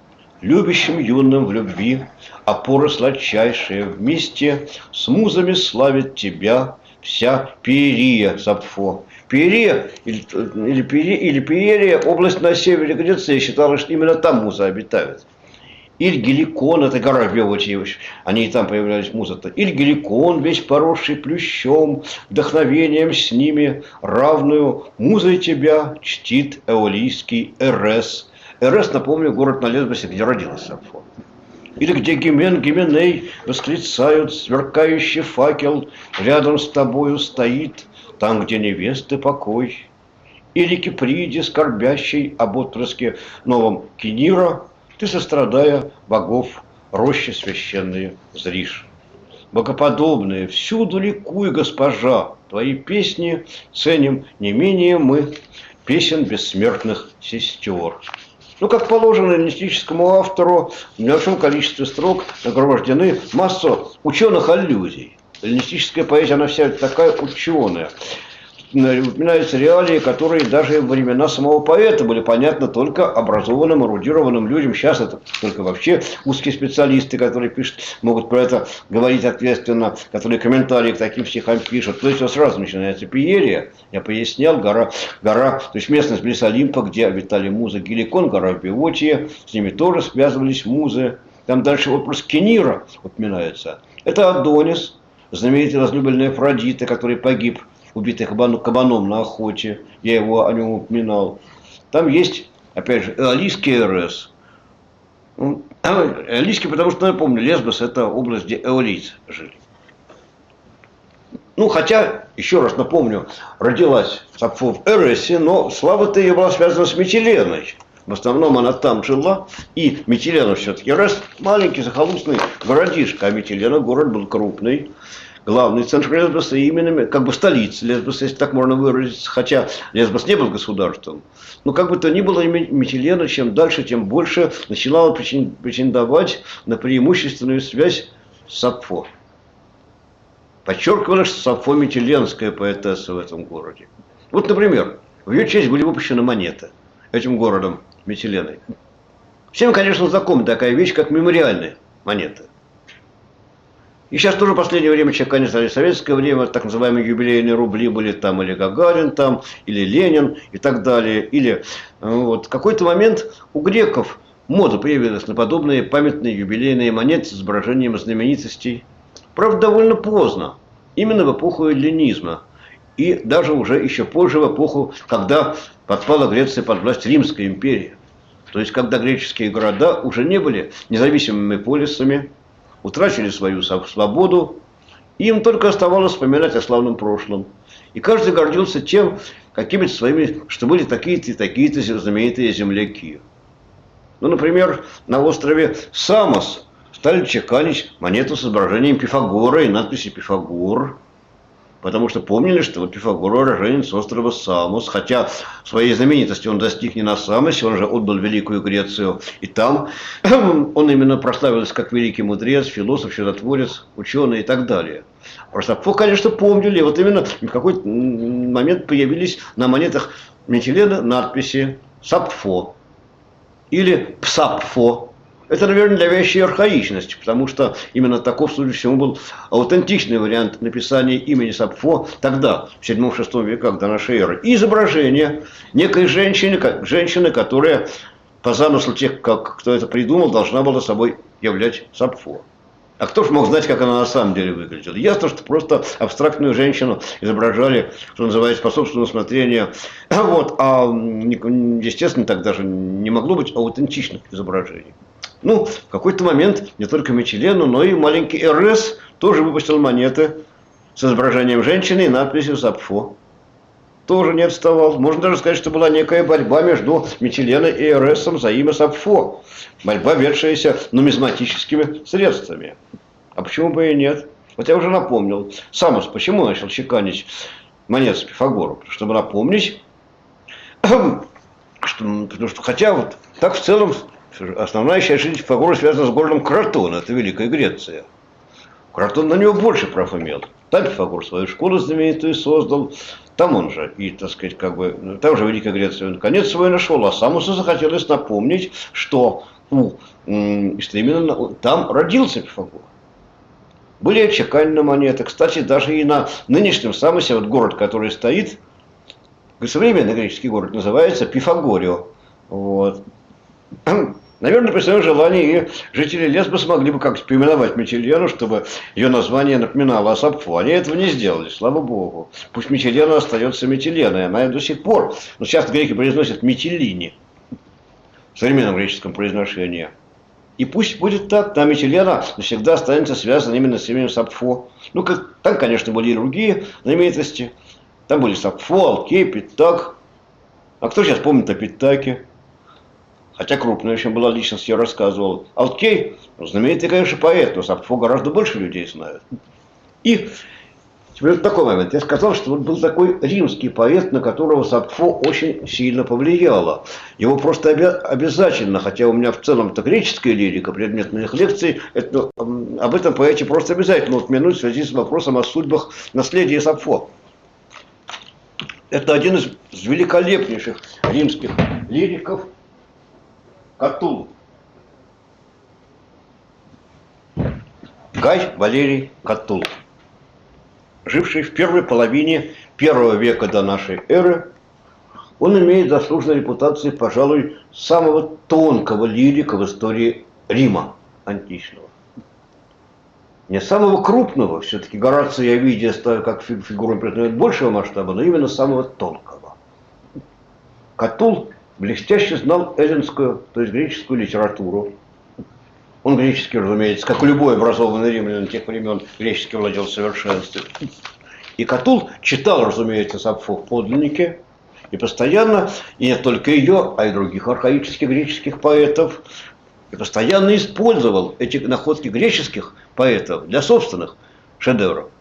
Любящим юным в любви, опора сладчайшая, вместе с музами славит тебя вся Пиерия, Сапфо. Пиерия или Пиерия, область на севере Греции, считалось, что именно там музы обитают. Иль-Геликон, это гора в Беотии, они и там появлялись музы-то. Иль-Геликон, весь поросший плющом, вдохновением с ними, равную музой тебя чтит эолийский Эрес. Эрес, напомню, город на Лесбосе, где родился Сапфо. Или где Гименей восклицают, сверкающий факел рядом с тобою стоит, там, где невесты покой. Или Киприде, скорбящий об отпрыске новом Кенира, ты, сострадая богов, рощи священные зришь. Богоподобные, всюду ликуй, госпожа, твои песни ценим не менее мы, песен бессмертных сестер. Как положено эллинистическому автору, в небольшом количестве строк нагромождены массу ученых аллюзий. Эллинистическая поэзия, она вся такая ученая. Упоминаются реалии, которые даже во времена самого поэта были понятны только образованным, эрудированным людям. Сейчас это только вообще узкие специалисты, которые пишут, могут про это говорить ответственно, которые комментарии к таким стихам пишут. То есть сразу начинается Пиерия, я пояснял, гора, то есть местность близ Олимпа, где обитали музы, Геликон, гора в Беотии, с ними тоже связывались музы. Там дальше вопрос Кенира упоминается. Это Адонис, знаменитый возлюбленный Афродиты, который погиб, убитый кабаном на охоте, я его о нем упоминал. Там есть, опять же, эолийский Эрес. Эолийский, потому что, напомню, Лесбос – это область, где эолийцы жили. Хотя, еще раз напомню, родилась Сапфо в Эресе, но слава-то ее была связана с Митиленой. В основном она там жила, и Митилена все-таки Эрес маленький захолустный городишко, а Митилена город был крупный. главный центр Лесбоса, и именно как бы столица Лесбоса, если так можно выразиться, хотя Лесбос не был государством. Но как бы то ни было, Митилена чем дальше, тем больше начинала претендовать на преимущественную связь с Сапфо. Подчеркивалось, что Сапфо митиленская поэтесса в этом городе. Вот, например, в ее честь были выпущены монеты этим городом Митиленой. Всем, конечно, знакома такая вещь, как мемориальные монеты. И сейчас тоже в последнее время, конец советское время, так называемые юбилейные рубли были там, или Гагарин там, или Ленин и так далее. Или вот в какой-то момент у греков мода появилась на подобные памятные юбилейные монеты с изображением знаменитостей. Правда, довольно поздно, именно в эпоху эллинизма. И даже уже еще позже, в эпоху, когда подпала Греция под власть Римской империи. То есть, когда греческие города уже не были независимыми полисами, утратили свою свободу, и им только оставалось вспоминать о славном прошлом. И каждый гордился тем, какими-то своими, что были такие-то и такие-то знаменитые земляки. Ну, например, на острове Самос стали чеканить монету с изображением Пифагора и надписью «Пифагор». Потому что помнили, что вот Пифагор уроженец острова Самос, хотя своей знаменитости он достиг не на Самосе, он же отбыл Великую Грецию. И там он именно прославился как великий мудрец, философ, чудотворец, ученый и так далее. Про Сапфо, конечно, помнили. И вот именно в какой-то момент появились на монетах Митилены надписи «Сапфо» или «Псапфо». Это, наверное, для вещей архаичности, потому что именно таков, судя по всему, был аутентичный вариант написания имени Сапфо тогда, в 7-6 веках до нашей эры. И изображение некой женщины, которая, по замыслу тех, кто это придумал, должна была собой являть Сапфо. А кто же мог знать, как она на самом деле выглядела? Ясно, что просто абстрактную женщину изображали, что называется, по собственному усмотрению. Вот. А, естественно, так даже не могло быть аутентичных изображений. Ну, в какой-то момент не только Митилену, но и маленький Эрес тоже выпустил монеты с изображением женщины и надписью «Сапфо». Тоже не отставал. Можно даже сказать, что была некая борьба между Митиленой и Эресом за имя Сапфо. Борьба, ведшаяся нумизматическими средствами. А почему бы и нет? Вот я уже напомнил. Самос почему начал чеканить монеты с Пифагором? Чтобы напомнить, потому что хотя вот так в целом основная часть жизни Пифагора связана с городом Кратон, это Великая Греция. Кратон на него больше прав имел. Там Пифагор свою школу знаменитую создал, там он же, и, так сказать, как бы, там же Великая Греция он конец свой нашел, а Самосу захотелось напомнить, что именно там родился Пифагор. Были отчеканены монеты, кстати, даже и на нынешнем Самосе, вот город, который стоит, современный греческий город, называется Пифагорио. Вот. Наверное, при своем желании и жители Лесбоса могли бы как-то переименовать Митилену, чтобы ее название напоминало о Сапфо. Они этого не сделали, слава богу. Пусть Митилена остается Митиленой, она до сих пор. Но часто греки произносят Митилини в современном греческом произношении. И пусть будет так, там Митилена навсегда останется связана именно с именем Сапфо. Ну, там, конечно, были и другие знаменитости. Там были Сапфо, Алкей, Питак. А кто сейчас помнит о Питаке? Хотя крупная очень была личность, я рассказывал. Алкей, знаменитый, конечно, поэт, но Сапфо гораздо больше людей знают. И теперь вот такой момент. Я сказал, что вот был такой римский поэт, на которого Сапфо очень сильно повлияло. Его просто обязательно, хотя у меня в целом это греческая лирика, предмет моих лекций, об этом поэте просто обязательно упомянуть в связи с вопросом о судьбах наследия Сапфо. Это один из великолепнейших римских лириков, Катул. Гай Валерий Катул, живший в первой половине первого века до нашей эры, он имеет заслуженную репутацию, пожалуй, самого тонкого лирика в истории Рима античного. Не самого крупного, все-таки Гораций и Овидий ставят как фигуру признают большего масштаба, но именно самого тонкого. Катул блестяще знал эллинскую, то есть греческую литературу. Он греческий, разумеется, как и любой образованный римлянин тех времен, греческий владел в совершенстве. И Катул читал, разумеется, Сапфо в подлиннике, и постоянно, и не только ее, а и других архаических греческих поэтов, и постоянно использовал эти находки греческих поэтов для собственных шедевров.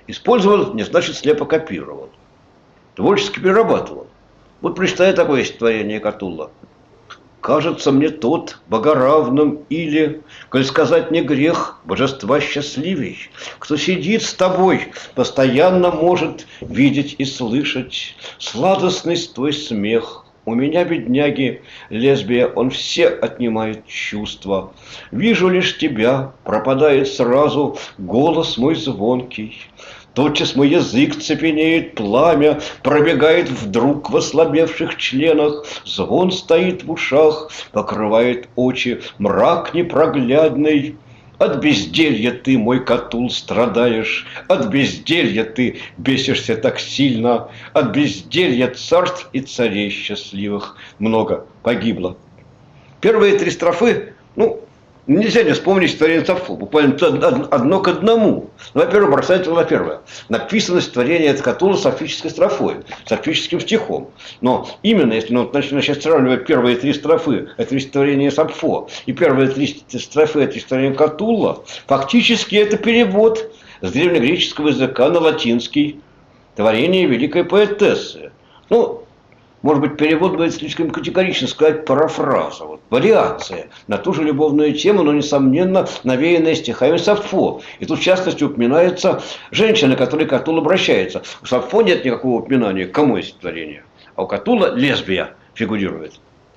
Использовал не значит слепо копировал. Творчески перерабатывал. Вот прочитай такое стихотворение Катулла. Кажется мне тот богоравным или, коль сказать не грех, божества счастливей, кто сидит с тобой, постоянно может видеть и слышать сладостный твой смех. У меня, бедняги, лесбия, он все отнимает чувства. Вижу лишь тебя, пропадает сразу голос мой звонкий. Тотчас мой язык цепенеет, пламя пробегает вдруг в ослабевших членах, звон стоит в ушах, покрывает очи мрак непроглядный. От безделья ты, мой Катул, страдаешь, от безделья ты бесишься так сильно, от безделья царств и царей счастливых много погибло. Первые три строфы, нельзя не вспомнить стихотворение Сафо, буквально одно к одному. Во-первых, бросается на первое. Написано стихотворение Катулла с сафической строфой, с сафическим стихом. Но именно, если начать сравнивать первые три строфы, это стихотворение Сафо, и первые три строфы, это стихотворение Катулла, фактически это перевод с древнегреческого языка на латинский творение великой поэтессы. Может быть, перевод будет слишком категорично сказать парафраза, вариация на ту же любовную тему, но, несомненно, навеянная стихами Сафо. И тут, в частности, упоминается женщина, к которой Катулл обращается. У Сафо нет никакого упоминания, к кому есть стихотворение, а у Катулла лесбия фигурирует.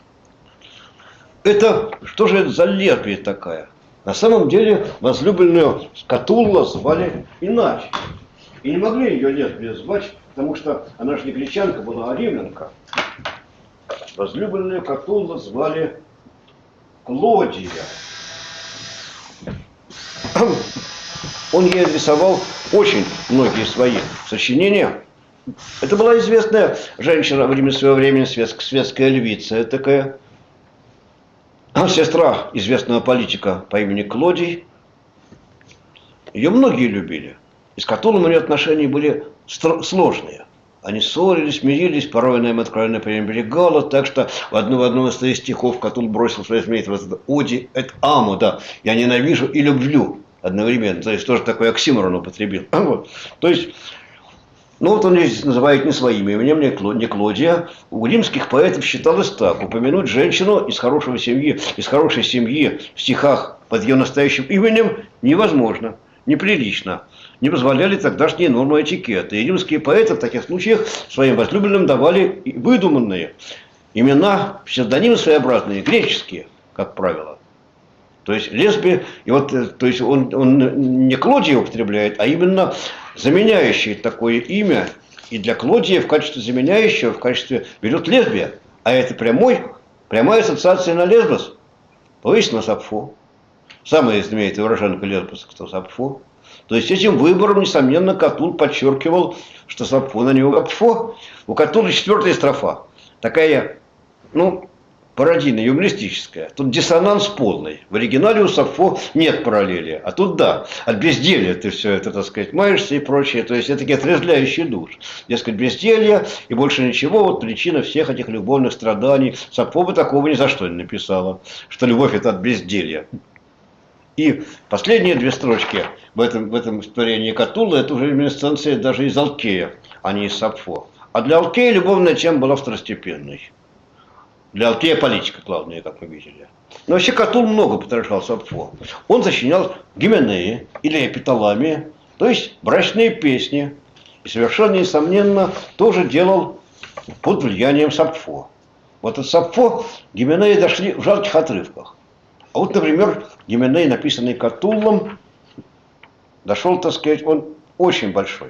Что же это за лесбия такая? На самом деле, возлюбленную Катулла звали иначе. И не могли ее лесбия звать, потому что она же не гречанка была, а римлянка. Возлюбленную Катулла звали Клодия. Он ей адресовал очень многие свои сочинения. Это была известная женщина во время своего времени, светская львица такая. Сестра известного политика по имени Клодий. Ее многие любили. И с Катуллом у нее отношения были сложные. Они ссорились, мирились, порой она им откровенно пренебрегала, так что в одном из своих стихов Катулл бросил своей змеи «Оди эт аму», да, «я ненавижу и люблю» одновременно. То есть тоже такой оксиморон употребил. То есть, он здесь называет не своим именем, не Клодия. У римских поэтов считалось так: упомянуть женщину из хорошей семьи в стихах под ее настоящим именем невозможно, неприлично. Не позволяли тогдашние нормы этикета. И римские поэты в таких случаях своим возлюбленным давали выдуманные имена, псевдонимы своеобразные, греческие, как правило. То есть лесбия, то есть он не Клодия употребляет, а именно заменяющее такое имя. И для Клодия в качестве заменяющего, в качестве берет лесбия. А это прямая ассоциация на Лесбос. Повысь на Сапфо. Самая знаменитая уроженка Лесбоса, кто Сапфо. То есть этим выбором, несомненно, Катулл подчеркивал, что Сапфо на него Сапфо. У Катулла четвертая строфа. Такая, пародийная, юмористическая. Тут диссонанс полный. В оригинале у Сапфо нет параллели. А тут да. От безделья ты все это, так сказать, маешься и прочее. То есть это такие отрезвляющие душ. Дескать, безделье и больше ничего. Причина всех этих любовных страданий. Сапфо бы такого ни за что не написала. Что любовь это от безделья. И последние две строчки в этом стихотворении Катулла, это уже реминисценция даже из Алкея, а не из Сапфо. А для Алкея любовная тема была второстепенной. Для Алкея политика главная, как мы видели. Но вообще Катулл много подражал Сапфо. Он сочинял гименеи или эпиталамии, то есть брачные песни. И совершенно несомненно тоже делал под влиянием Сапфо. От Сапфо гименеи дошли в жалких отрывках. А например, гименей, написанный Катуллом, дошел, так сказать, он очень большой.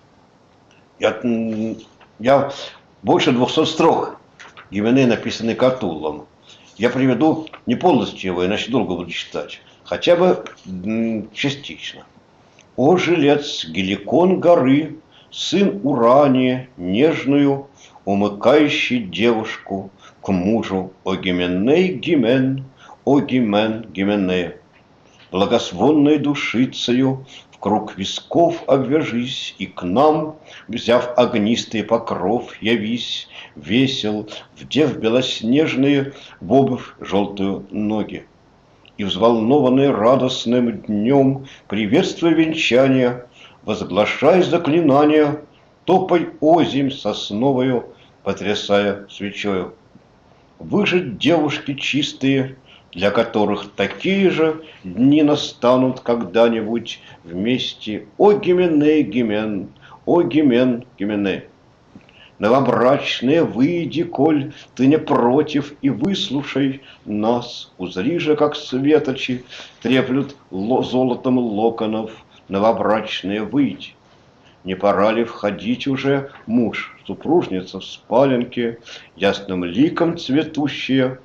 Я больше 200 строк гименей, написанный Катуллом. Я приведу не полностью его, иначе долго буду читать. Хотя бы частично. «О, жилец Геликон горы, сын Урания, нежную, умыкающий девушку к мужу, о Гименей Гимен, о Гимен Гимене, благословенной душицею в круг висков обвяжись, и к нам, взяв огнистый покров, явись, весел, вдев белоснежные в обувь желтую ноги. И взволнованный радостным днем приветствуя венчания, возглашай заклинания, топай озимь сосновою, потрясая свечою. Вы же девушки чистые, для которых такие же дни настанут когда-нибудь вместе. О, Гименей, Гимен, о, Гимен, Гименей. Новобрачные, выйди, коль ты не против, и выслушай нас. Узри же, как светочи треплют золотом локонов. Новобрачные, выйди. Не пора ли входить уже, муж, супружница в спаленке, ясным ликом цветущая,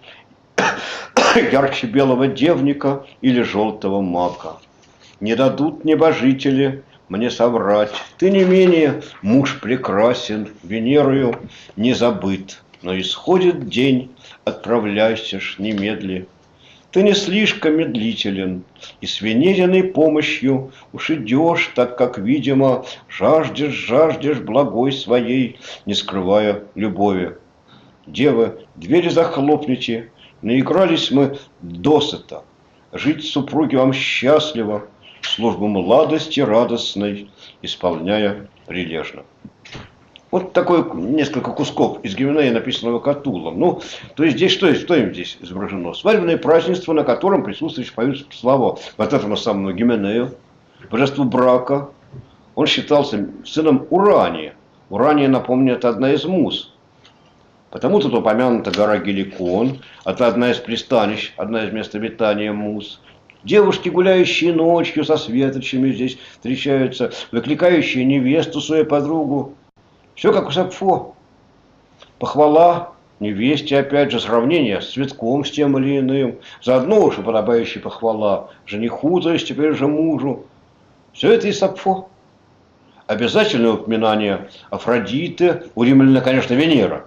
ярче белого девника или желтого мака? Не дадут небожители мне соврать. Ты не менее муж прекрасен, Венерою не забыт. Но исходит день, отправляйся ж немедли. Ты не слишком медлителен, и с Венериной помощью уж идешь, так как, видимо, жаждешь благой своей, не скрывая любови. Девы, двери захлопните, наигрались мы досыта. Жить супруги вам счастливо, службу младости радостной, исполняя прилежно. Вот такой несколько кусков из Гименея, написанного Катуллом. Ну, то есть здесь что им здесь изображено? Свадебное празднество, на котором присутствующие поют слава вот этому самому Гименею, божеству брака. Он считался сыном Урания. Урания, напомню, это одна из муз. Потому тут упомянута гора Геликон, это одна из пристанищ, одна из мест обитания муз. Девушки, гуляющие ночью со светочами, здесь встречаются, выкликающие невесту, свою подругу. Все как у Сапфо. Похвала невесте, опять же, сравнение с цветком, с тем или иным. Заодно уж и подобающая похвала жениху, то есть теперь уже мужу. Все это и Сапфо. Обязательное упоминание Афродиты, у римляна, конечно, Венера.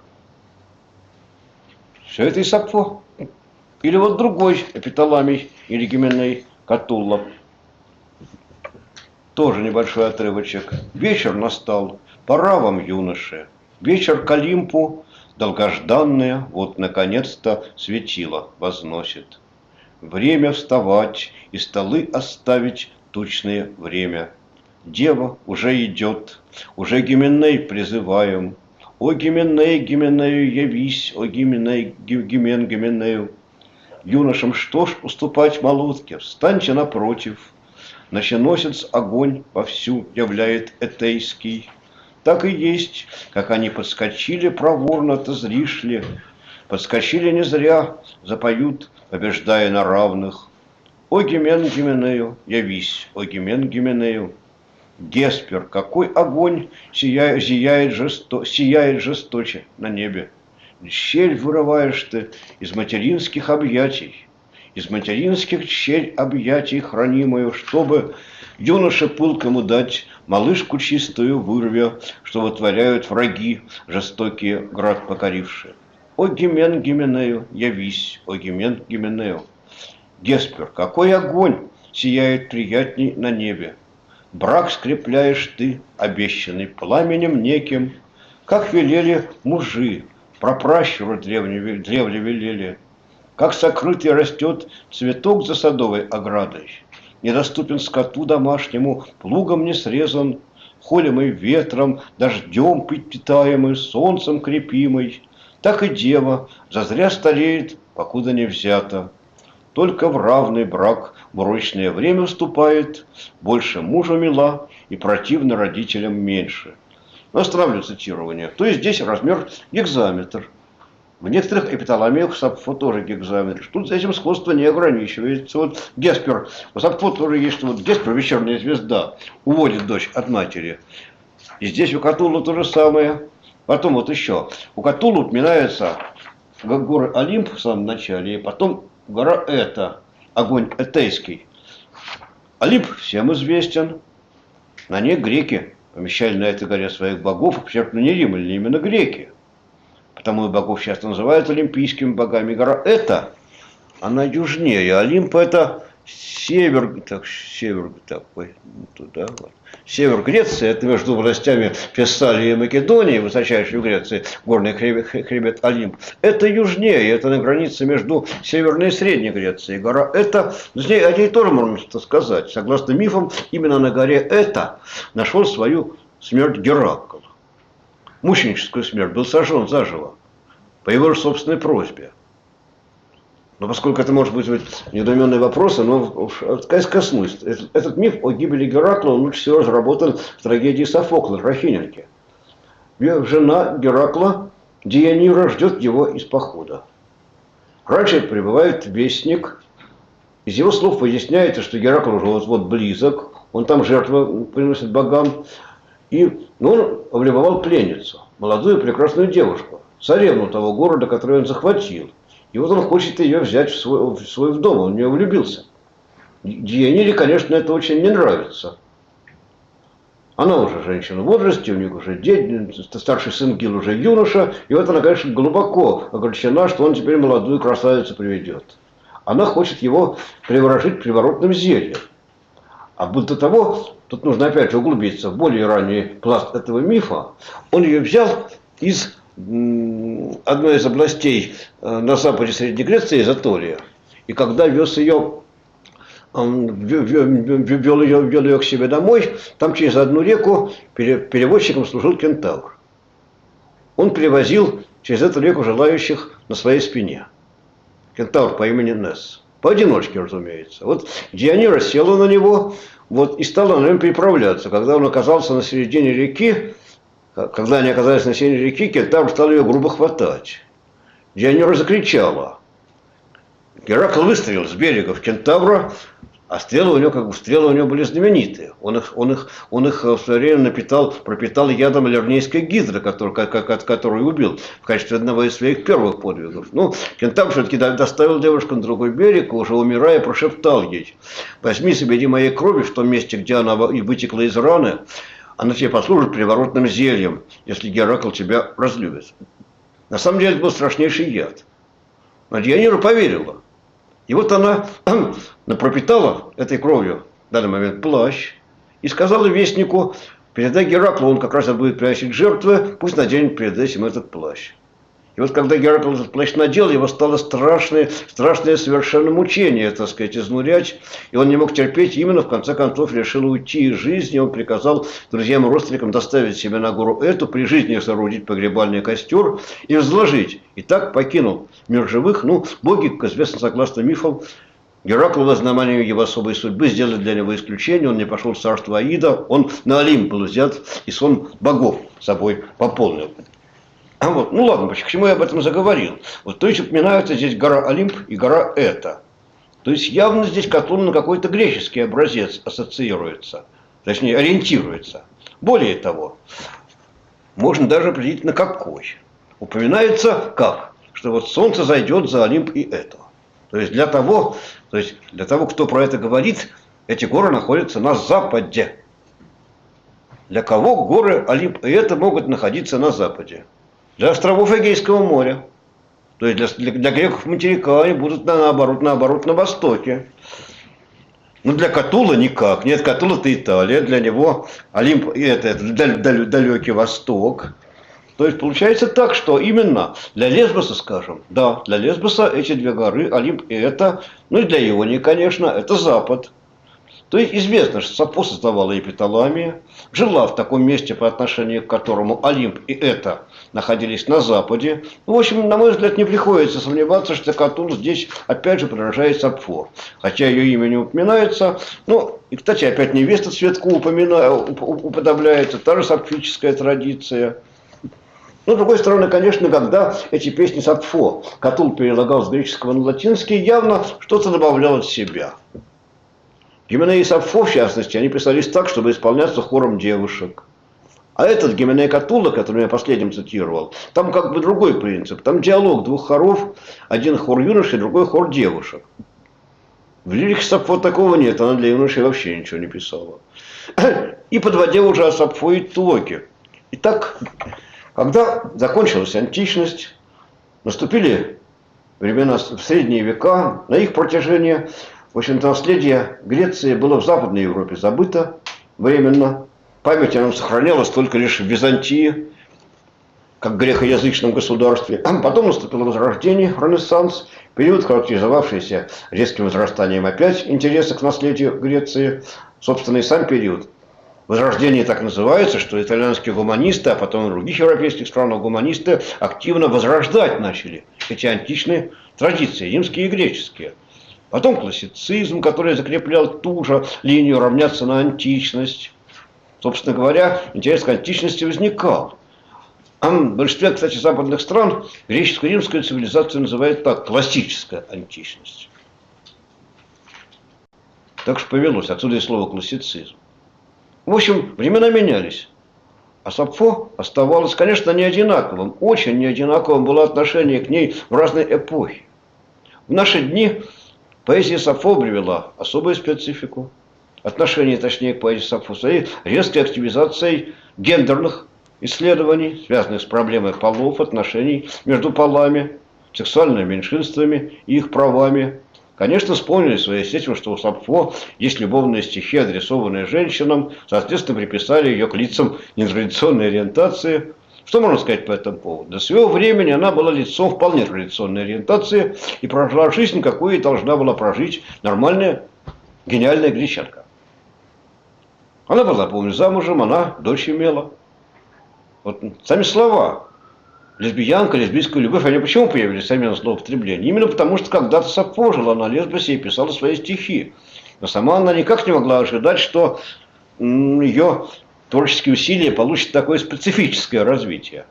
Все это и Сапфо. Или вот другой Эпиталамий или Гименей Катулла. Тоже небольшой отрывочек. Вечер настал. Пора вам, юноши, вечер к Олимпу, долгожданное, вот наконец-то светило возносит. Время вставать и столы оставить тучное время. Дева уже идет, уже Гименей призываем. О, Гименей, Гименею явись, о, Гименей, Гимен, Гименею. Юношам что ж уступать молотке, встаньте напротив. Ноченосец огонь вовсю являет этейский. Так и есть, как они подскочили проворно, ты зришь ли. Подскочили не зря, запоют, побеждая на равных. О, Гимен, Гименею, явись, о, Гимен, Гименею. Геспер, какой огонь сияет жесточе на небе. Щель вырываешь ты из материнских объятий, из материнских щель объятий хранимую, чтобы юноше пылкому дать малышку чистую вырвя, что вытворяют враги, жестокие град покорившие. О, Гимен, Гименею, явись, о, Гимен, Гименею. Геспер, какой огонь сияет приятней на небе. Брак скрепляешь ты, обещанный пламенем неким, как велели мужи, прапращуры древне велели, как сокрытый растет цветок за садовой оградой. Недоступен скоту домашнему, плугом не срезан, холимый ветром, дождем питаемый, солнцем крепимый. Так и дева зазря стареет, покуда не взята. Только в равный брак в урочное время вступает, больше мужу мила и противно родителям меньше. Но остановлю цитирование. То есть здесь размер гекзаметр. В некоторых эпиталамиях Сапфо тоже гекзаметр. Тут за этим сходство не ограничивается. Вот Геспер, у Сапфо тоже есть, что вот Геспер, вечерняя звезда, уводит дочь от матери. И здесь у Катуллы то же самое. Потом вот еще. У Катуллы упоминается горы Олимп в самом начале, и потом гора Эта, огонь этейский. Олимп всем известен. На ней греки помещали на этой горе своих богов, причем не римляне, именно греки. Потому и богов часто называют олимпийскими богами. Гора Эта, она южнее. Олимп это Север Греции, это между властями Фессалии и Македонии, высочайшей в Греции, горный хребет Олимп. Это южнее, это на границе между Северной и Средней Грецией. Гора Эта, о ней тоже можно что сказать. Согласно мифам, именно на горе Эта нашел свою смерть Геракл. Мученическую смерть, был сожжен заживо, по его же собственной просьбе. Но поскольку это может быть недоуменные вопросы, но коснусь. Этот миф о гибели Геракла, он лучше всего разработан в трагедии Софокла «Графинянки». Жена Геракла, Дeianira, ждет его из похода. Раньше прибывает вестник. Из его слов выясняется, что Геракл уже вот-вот близок. Он там жертвы приносит богам. И он облюбовал пленницу, молодую прекрасную девушку, царевну того города, который он захватил. И вот он хочет ее взять в свой дом, он в нее влюбился. Дeianiре, конечно, это очень не нравится. Она уже женщина в возрасте, у них уже старший сын Гил уже юноша, и вот она, конечно, глубоко огорчена, что он теперь молодую красавицу приведет. Она хочет его приворожить приворотным зельем. А до того, тут нужно опять же углубиться в более ранний пласт этого мифа, он ее взял из одной из областей на западе Средней Греции, из Атолия. И когда вез ее, вел ее к себе домой, там через одну реку перевозчиком служил кентавр. Он перевозил через эту реку желающих на своей спине. Кентавр по имени Несс. Поодиночке, разумеется. Вот Deianira села на него, вот, и стала на нем переправляться. Когда он оказался на середине реки, когда они оказались на середине реки, кентавр стал ее грубо хватать. Deianira закричала. Геракл выстрелил с берега в кентавра, а стрелы у него были знаменитые. Он их в свое время пропитал ядом лернейской гидры, которую убил в качестве одного из своих первых подвигов. Ну, кентавр все-таки доставил девушку на другой берег, и уже умирая, прошептал ей: возьми себе моей крови в том месте, где она и вытекла из раны, она тебе послужит приворотным зельем, если Геракл тебя разлюбит. На самом деле это был страшнейший яд. Но Deianira поверила. И вот она пропитала этой кровью в данный момент плащ и сказала вестнику: передай Гераклу, он как раз будет приносить жертвы, пусть наденет перед этим этот плащ. И вот когда Геракл этот плащ надел, его стало страшное совершенно мучение, так сказать, изнурять. И он не мог терпеть, и именно в конце концов решил уйти из жизни. Он приказал друзьям и родственникам доставить себя на гору Эту, при жизни соорудить погребальный костер и возложить. И так покинул мир живых. Ну, боги, как известно, согласно мифам, Геракл во знамение его особой судьбы сделали для него исключение. Он не пошел в царство Аида, он на Олимп был взят, и сон богов собой пополнил. Вот. Ну ладно, почему я об этом заговорил? Вот, то есть упоминаются здесь гора Олимп и гора Эта. То есть явно здесь Катун на какой-то греческий образец ассоциируется, точнее ориентируется. Более того, можно даже определить на какой. Упоминается как? Что вот солнце зайдет за Олимп и Эту. То есть для того, кто про это говорит, эти горы находятся на западе. Для кого горы Олимп и Эта могут находиться на западе? Для островов Эгейского моря. То есть для греков материка они будут наоборот на востоке. Но для Катула никак. Нет, Катула это Италия, для него Олимп и это далекий восток. То есть получается так, что именно для Лесбоса, скажем, да, для Лесбоса эти две горы, Олимп и Эта, ну и для Ионии, конечно, это запад. То есть известно, что Сафо создавала Эпиталамия, жила в таком месте, по отношению к которому Олимп и Эта находились на западе. Ну, в общем, на мой взгляд, не приходится сомневаться, что Катул здесь опять же подражает Сапфо. Хотя ее имя не упоминается. Ну, и, кстати, опять невеста Цветку уподобляется, та же сапфическая традиция. Но, с другой стороны, конечно, когда эти песни Сапфо Катул перелагал с греческого на латинский, явно что-то добавлял от себя. Гименей и Сапфо, в частности, они писались так, чтобы исполняться хором девушек. А этот Гименей Катула, который я последним цитировал, там как бы другой принцип. Там диалог двух хоров, один хор юношей, другой хор девушек. В лирике Сапфо такого нет, она для юношей вообще ничего не писала. И подводя уже о Сапфо и Тлоке. Итак, когда закончилась античность, наступили времена в средние века, на их протяжении В общем-то, наследие Греции было в Западной Европе забыто временно. Память о нем сохранялась только лишь в Византии, как грекоязычном государстве. Потом наступило Возрождение, Ренессанс, период, характеризовавшийся резким возрастанием опять интереса к наследию Греции. Собственно, и сам период Возрождение так называется, что итальянские гуманисты, а потом и в других европейских странах гуманисты активно возрождать начали эти античные традиции, римские и греческие. Потом классицизм, который закреплял ту же линию равняться на античность. Собственно говоря, интерес к античности возникал. А в большинстве, кстати, западных стран греческую и римскую цивилизацию называют так: классическая античность. Так что повелось, отсюда и слово классицизм. В общем, времена менялись. А Сафо оставалось, конечно, не одинаковым. Очень не одинаковым было отношение к ней в разные эпохи. В наши дни поэзия Сафо привела особую специфику. Отношение, точнее, к поэзии Сафо своей резкой активизацией гендерных исследований, связанных с проблемой полов, отношений между полами, сексуальными меньшинствами и их правами. Конечно, вспомнили своей этим, что у Сафо есть любовные стихи, адресованные женщинам, соответственно, приписали ее к лицам нетрадиционной ориентации. Что можно сказать по этому поводу? До своего времени она была лицом вполне традиционной ориентации и прожила жизнь, какую и должна была прожить нормальная, гениальная гречанка. Она была, помню, замужем, она дочь имела. Вот сами слова лесбиянка, лесбийская любовь, они почему появились, сами злоупотребления? Именно потому, что когда-то Сафо жила на Лесбосе и писала свои стихи. Но сама она никак не могла ожидать, что ее творческие усилия получат такое специфическое развитие.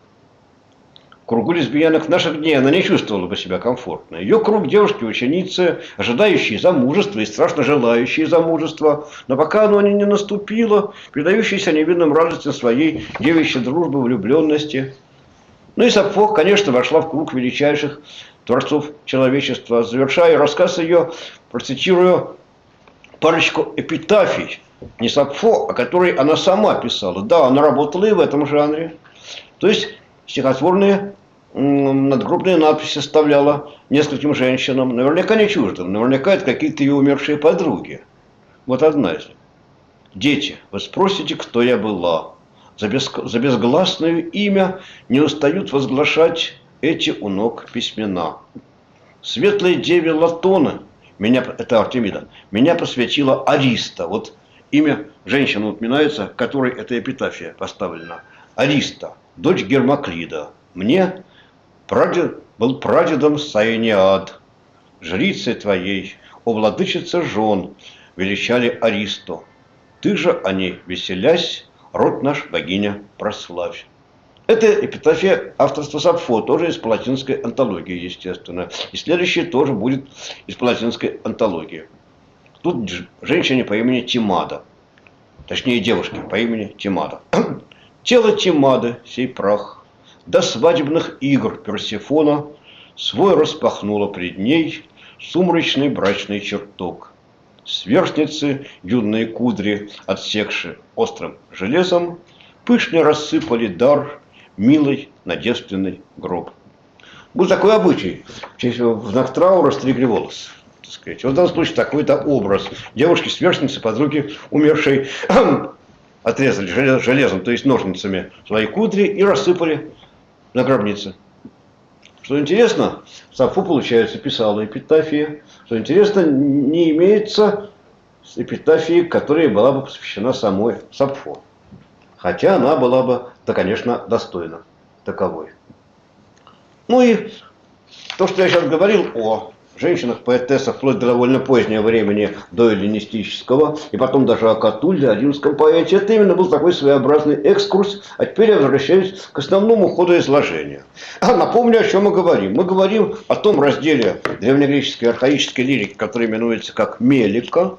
В кругу лесбиянок наших дней она не чувствовала бы себя комфортно. Ее круг девушки-ученицы, ожидающие замужества и страшно желающие замужества, но пока оно не наступило, предающиеся невинным радостям своей девичьей дружбы, влюбленности. Ну и Сафо, конечно, вошла в круг величайших творцов человечества. Завершая рассказ ее, процитирую парочку эпитафий. Не Сафо, а которые она сама писала. Да, она работала и в этом жанре. То есть стихотворные надгробные надписи оставляла нескольким женщинам. Наверняка не чуждым. Наверняка это какие-то ее умершие подруги. Вот одна из них. «Дети, вы спросите, кто я была. За безгласное имя не устают возглашать эти у ног письмена. Светлой деве Латона, это Артемида, меня посвятила Ариста». Вот имя женщины упоминается, которой эта эпитафия поставлена. Ариста, дочь Гермоклида. Мне был прадедом Саениад. Жрицей твоей, о владычица жен, величали Аристу. Ты же о ней веселясь, род наш, богиня, прославь. Это эпитафия авторства Сафо, тоже из палатинской антологии, естественно. И следующее тоже будет из палатинской антологии. Тут женщине по имени Тимада. Точнее, девушке по имени Тимада. «Тело Тимады, сей прах, до свадебных игр Персефона свой распахнула пред ней сумрачный брачный чертог. Сверстницы, юные кудри, отсекши острым железом, пышно рассыпали дар милый на девственный гроб». Был такой обычай. В знак траура стригли волосы. Вот в данном случае такой-то образ. Девушки-сверстницы, подруги умершей, отрезали железом, то есть ножницами, свои кудри и рассыпали на гробнице. Что интересно, Сафо, получается, писала эпитафии. Что интересно, не имеется эпитафии, которая была бы посвящена самой Сафо. Хотя она была бы, да, конечно, достойна таковой. Ну и то, что я сейчас говорил о женщинах-поэтессах вплоть до довольно позднего времени, до эллинистического, и потом даже о Катулле, о римском поэте, это именно был такой своеобразный экскурс. А теперь я возвращаюсь к основному ходу изложения. Напомню, о чем мы говорим. Мы говорим о том разделе древнегреческой архаической лирики, который именуется как мелика,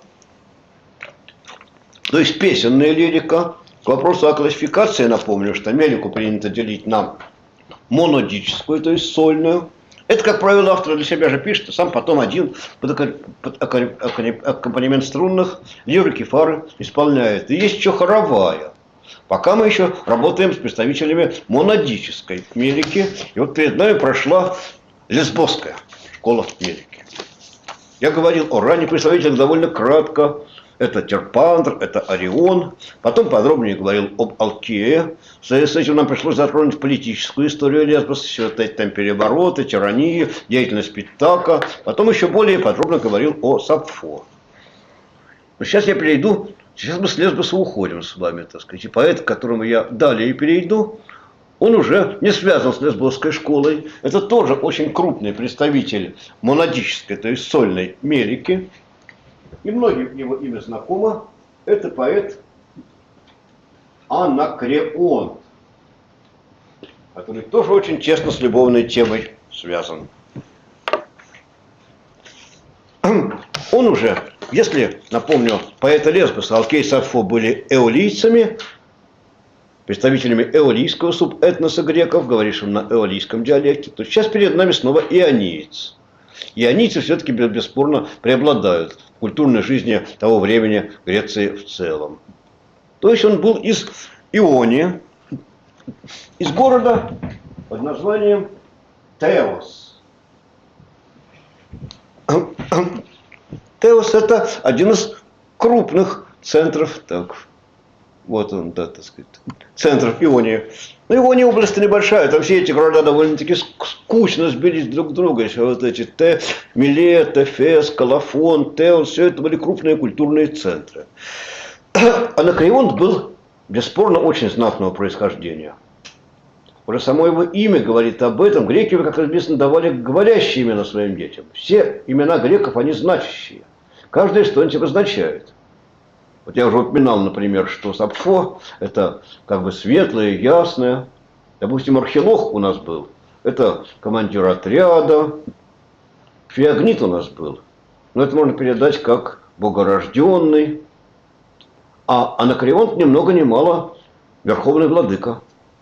то есть песенная лирика. К вопросу о классификации напомню, что мелику принято делить на монодическую, то есть сольную. Это, как правило, автор для себя же пишет, а сам потом один под аккомпанемент струнных лирики, фары исполняет. И есть еще хоровая. Пока мы еще работаем с представителями монодической мелики. И вот перед нами прошла лесбосская школа мелики. Я говорил о ранних представителях довольно кратко. Это Терпандр, это Орион. Потом подробнее говорил об Алкее. В связи с этим нам пришлось затронуть политическую историю Лесбоса, все эти там перевороты, тирании, деятельность Питака. Потом еще более подробно говорил о Сапфо. Но сейчас я перейду, сейчас мы с Лесбоса уходим с вами, так сказать. И поэт, к которому я далее перейду, он уже не связан с лесбосской школой. Это тоже очень крупный представитель монадической, то есть сольной мерики. И многим его имя знакомо. Это поэт Анакреон, который тоже очень тесно с любовной темой связан. Он уже, если, напомню, поэты Лесбоса, Алкей и Сапфо были эолийцами, представителями эолийского субэтноса греков, говорившим на эолийском диалекте, то сейчас перед нами снова иониец. Ионийцы все-таки бесспорно преобладают в культурной жизни того времени Греции в целом. То есть он был из Ионии, из города под названием Теос. Теос – это один из крупных центров, так, вот он, да, так сказать, центров Ионии. Но Иония область небольшая, там все эти города довольно-таки скучно сбились друг к другу. Еще вот эти Милет, Эфес, Колофон, Теос, все это были крупные культурные центры. Анакреон был, бесспорно, очень знатного происхождения. Уже само его имя говорит об этом. Греки, как известно, давали говорящие имена своим детям. Все имена греков, они значащие. Каждое что-нибудь обозначает. Вот я уже упоминал, например, что Сапфо – это как бы светлое, ясное. Допустим, Архилох у нас был. Это командир отряда. Феогнит у нас был. Но это можно передать как богорожденный. А Анакреон ни много ни мало верховный владыка.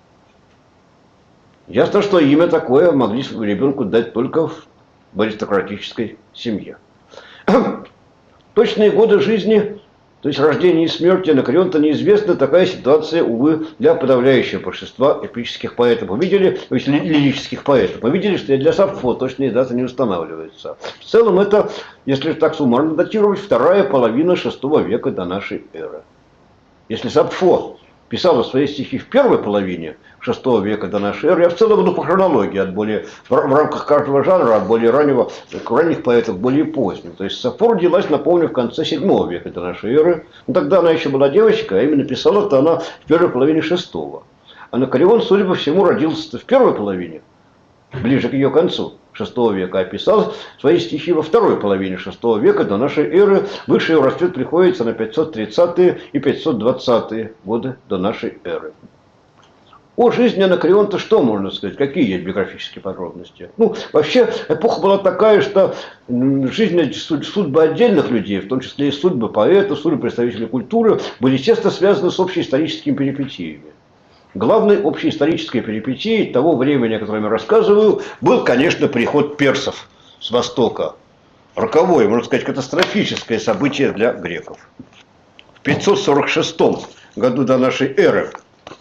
Ясно, что имя такое могли ребенку дать только в аристократической семье. Точные годы жизни, то есть рождения и смерти Анакреона-то неизвестна. Такая ситуация, увы, для подавляющего большинства эпических поэтов. Мы видели, то есть лирических поэтов. Мы видели, что для Сапфо точные даты не устанавливаются. В целом это, если так суммарно датировать, вторая половина VI века до нашей эры. Если Сапфо писала свои стихи в первой половине VI века до нашей эры, я в целом иду по хронологии, в рамках каждого жанра, от более ранних поэтов к более поздним. То есть Сапфо родилась, напомню, в конце VII века до нашей эры. Но тогда она еще была девочкой, а именно писала-то она в первой половине VI. Анакреон, судя по всему, родился в первой половине, ближе к ее концу VI века, а писал свои стихи во второй половине VI века до нашей эры. Высший его расцвет приходится на 530-е и 520-е годы до нашей эры. О жизни Анакреона-то что можно сказать? Какие есть биографические подробности? Ну, вообще, эпоха была такая, что жизнь, судьбы отдельных людей, в том числе и судьбы поэтов, судьбы представителей культуры, были естественно связаны с общеисторическими перипетиями. Главной общеисторической перипетией того времени, о котором я рассказываю, был, конечно, приход персов с востока. Роковое, можно сказать, катастрофическое событие для греков. В 546 году до нашей эры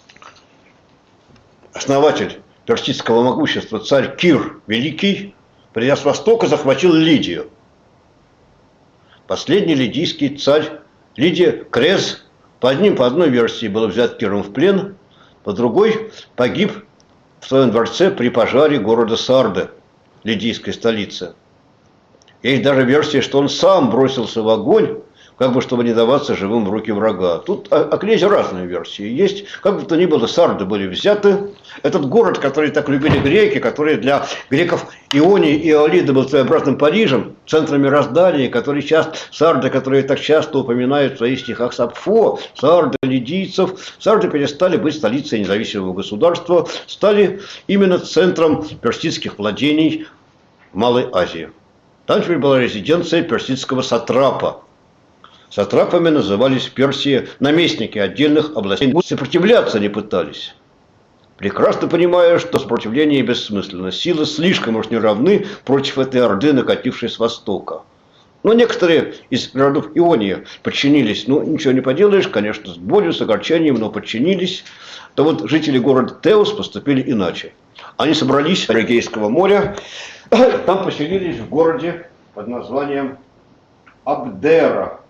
основатель персидского могущества, царь Кир Великий, придя с востока, захватил Лидию. Последний лидийский царь, Лидия Крез, по одной версии был взят Киром в плен, по другой погиб в своем дворце при пожаре города Сарды, лидийской столицы. Есть даже версия, что он сам бросился в огонь, как бы чтобы не даваться живым в руки врага. Тут о князе разные версии есть. Как бы то ни было, Сарды были взяты. Этот город, который так любили греки, который для греков Ионии и Иолиды был своеобразным Парижем, центром мироздания, Сарды, которые так часто упоминают в своих стихах Сапфо, Сарды лидийцев, Сарды перестали быть столицей независимого государства, стали именно центром персидских владений в Малой Азии. Там теперь была резиденция персидского сатрапа. Сатрапами назывались в Персии наместники отдельных областей. Сопротивляться не пытались, прекрасно понимая, что сопротивление бессмысленно. Силы слишком уж не равны против этой орды, накатившей с востока. Но некоторые из городов Ионии подчинились. Ну, ничего не поделаешь, конечно, с болью, с огорчением, но подчинились. То вот жители города Теос поступили иначе. Они собрались с Эгейского моря, там поселились в городе под названием Абдера.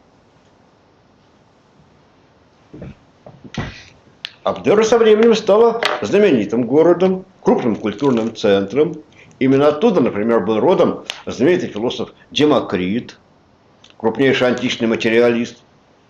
Абдера со временем стала знаменитым городом, крупным культурным центром. Именно оттуда, например, был родом знаменитый философ Демокрит, крупнейший античный материалист.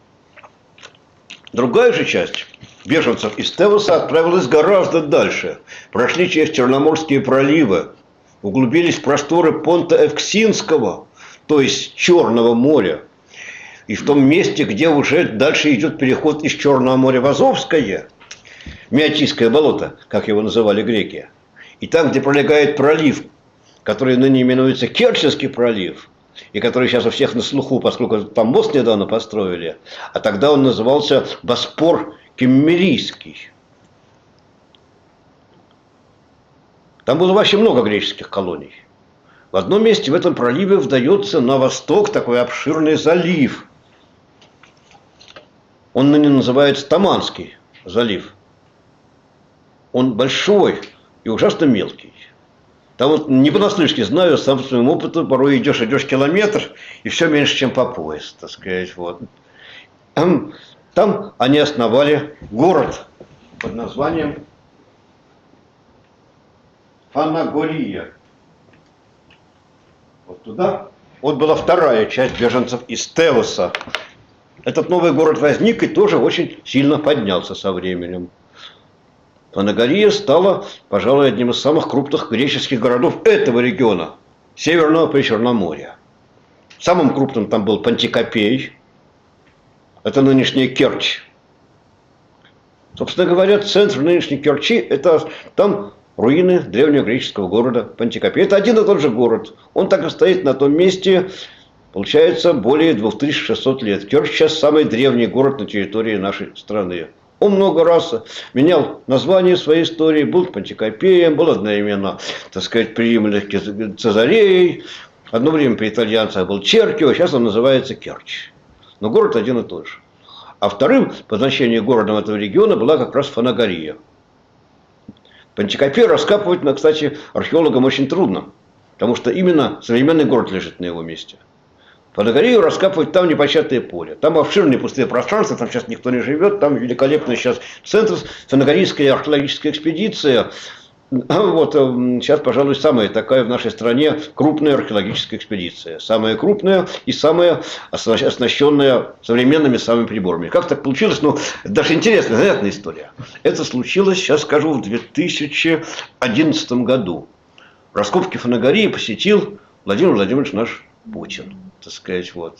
Другая же часть беженцев из Тевоса отправилась гораздо дальше. Прошли через Черноморские проливы, углубились в просторы Понта Эвксинского, то есть Черного моря. И в том месте, где уже дальше идет переход из Черного моря в Азовское, Меотийское болото, как его называли греки. И там, где пролегает пролив, который ныне именуется Керченский пролив, и который сейчас у всех на слуху, поскольку там мост недавно построили, а тогда он назывался Боспор Киммерийский. Там было вообще много греческих колоний. В одном месте в этом проливе вдается на восток такой обширный залив. Он ныне называется Таманский залив. Он большой и ужасно мелкий. Там вот не понаслышке знаю, сам по своему опыту, порой идешь километр, и все меньше, чем по пояс, так сказать. Вот. Там они основали город под названием Фанагория. Вот туда. Вот была вторая часть беженцев из Тевоса. Этот новый город возник и тоже очень сильно поднялся со временем. Фанагория стала, пожалуй, одним из самых крупных греческих городов этого региона, Северного Причерноморья. Самым крупным там был Пантикопей, это нынешняя Керчь. Собственно говоря, центр нынешней Керчи, это там руины древнего греческого города Пантикопей. Это один и тот же город. Он так и стоит на том месте, получается, более 2600 лет. Керчь сейчас самый древний город на территории нашей страны. Он много раз менял название своей истории, был Пантикопеем, был одновременно, так сказать, при римлянах Цезареей, одно время при итальянцах был Черкио, сейчас он называется Керчь. Но город один и тот же. А вторым по значению городом этого региона была как раз Фанагория. Пантикопей раскапывать, кстати, археологам очень трудно, потому что именно современный город лежит на его месте. Фанагорию раскапывать там непочатое поле. Там обширные пустые пространства, там сейчас никто не живет, там великолепный сейчас центр, Фанагорийская археологическая экспедиция. Вот сейчас, пожалуй, самая такая в нашей стране крупная археологическая экспедиция. Самая крупная и самая оснащенная современными самыми приборами. Как так получилось? Ну, даже интересная, занятная история. Это случилось, сейчас скажу, в 2011 году. Раскопки Фанагории посетил Владимир Владимирович наш Путин. Так сказать, вот.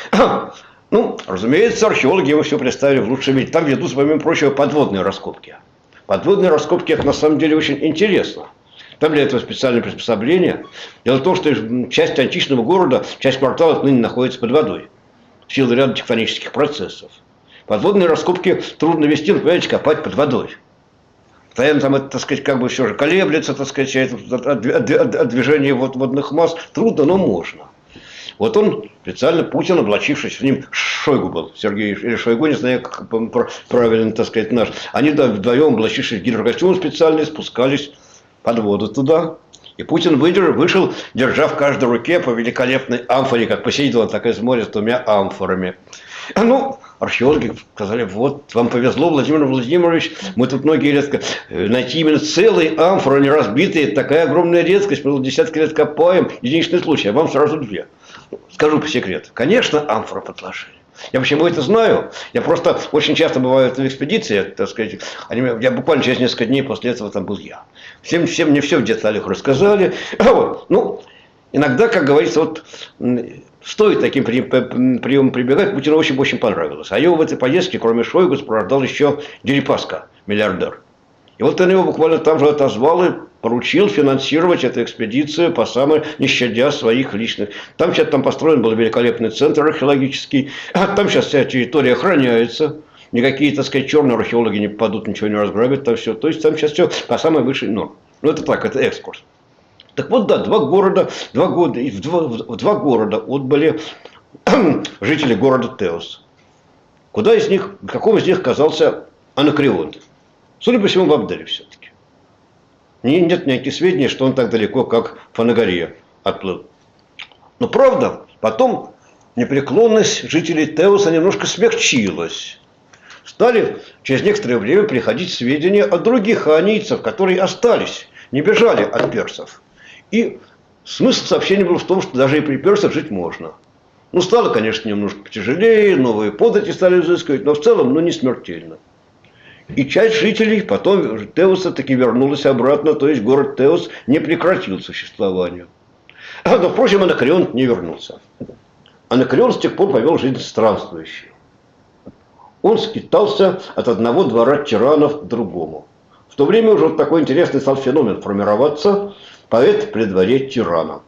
Ну, разумеется, археологи его все представили в лучшем виде. Там ведут, помимо прочего, подводные раскопки. Подводные раскопки, это на самом деле очень интересно. Там для этого специальное приспособление. Дело в том, что часть античного города, часть кварталов ныне находится под водой. В силу ряда тектонических процессов. Подводные раскопки трудно вести, но, понимаете, копать под водой. Постоянно там это, так сказать, как бы все же колеблется, так сказать, от движения водных масс. Трудно, но можно. Вот он специально, Путин, облачившись, с ним Шойгу был, Сергей, или Шойгу, не знаю, как правильно, так сказать, наш. Они вдвоем, облачившись в гидрокостюм специальный, спускались под воду туда. И Путин вышел, держа в каждой руке по великолепной амфоре, как посередине так из моря с двумя амфорами. Ну, археологи сказали, вот, вам повезло, Владимир Владимирович, мы тут многие лет найти именно целые амфоры, не разбитые, такая огромная редкость, мы десятки лет копаем, единичный случай, а вам сразу две. Скажу по секрету, конечно, амфоры подложили. Я почему это знаю? Я просто очень часто бываю в экспедиции, так сказать, я буквально через несколько дней после этого там был я. Всем мне все в деталях рассказали. Вот. Ну, иногда, как говорится, вот стоит таким приемом прибегать, Путину очень понравилось. А его в этой поездке, кроме Шойгу, сопровождал еще Дерипаска, миллиардер. И вот он его буквально там же отозвал и поручил финансировать эту экспедицию по самой, не щадя своих личных. Там сейчас построен был великолепный центр археологический. Там сейчас вся территория охраняется. Никакие, так сказать, черные археологи не попадут, ничего не разграбят. Там все. То есть там сейчас все по самой высшей норме. Ну это так, это экскурс. Так вот, да, в два города отбыли жители города Теос. Куда из них, какому из них оказался Анакреонт? Судя по всему, в Абдере все-таки. Нет никаких сведений, что он так далеко, как Фанагория, отплыл. Но правда, потом непреклонность жителей Теоса немножко смягчилась. Стали через некоторое время приходить сведения от других хаонийцев, которые остались, не бежали от персов. И смысл сообщения был в том, что даже и при персах жить можно. Ну, стало, конечно, немножко потяжелее, новые подати стали изыскивать, но в целом, не смертельно. И часть жителей потом Теоса таки вернулась обратно, то есть город Теос не прекратил существование. Но, впрочем, Анакреон не вернулся. Анакреон с тех пор повел жизнь странствующую. Он скитался от одного двора тиранов к другому. В то время уже вот такой интересный стал феномен формироваться – поэт при дворе тирана.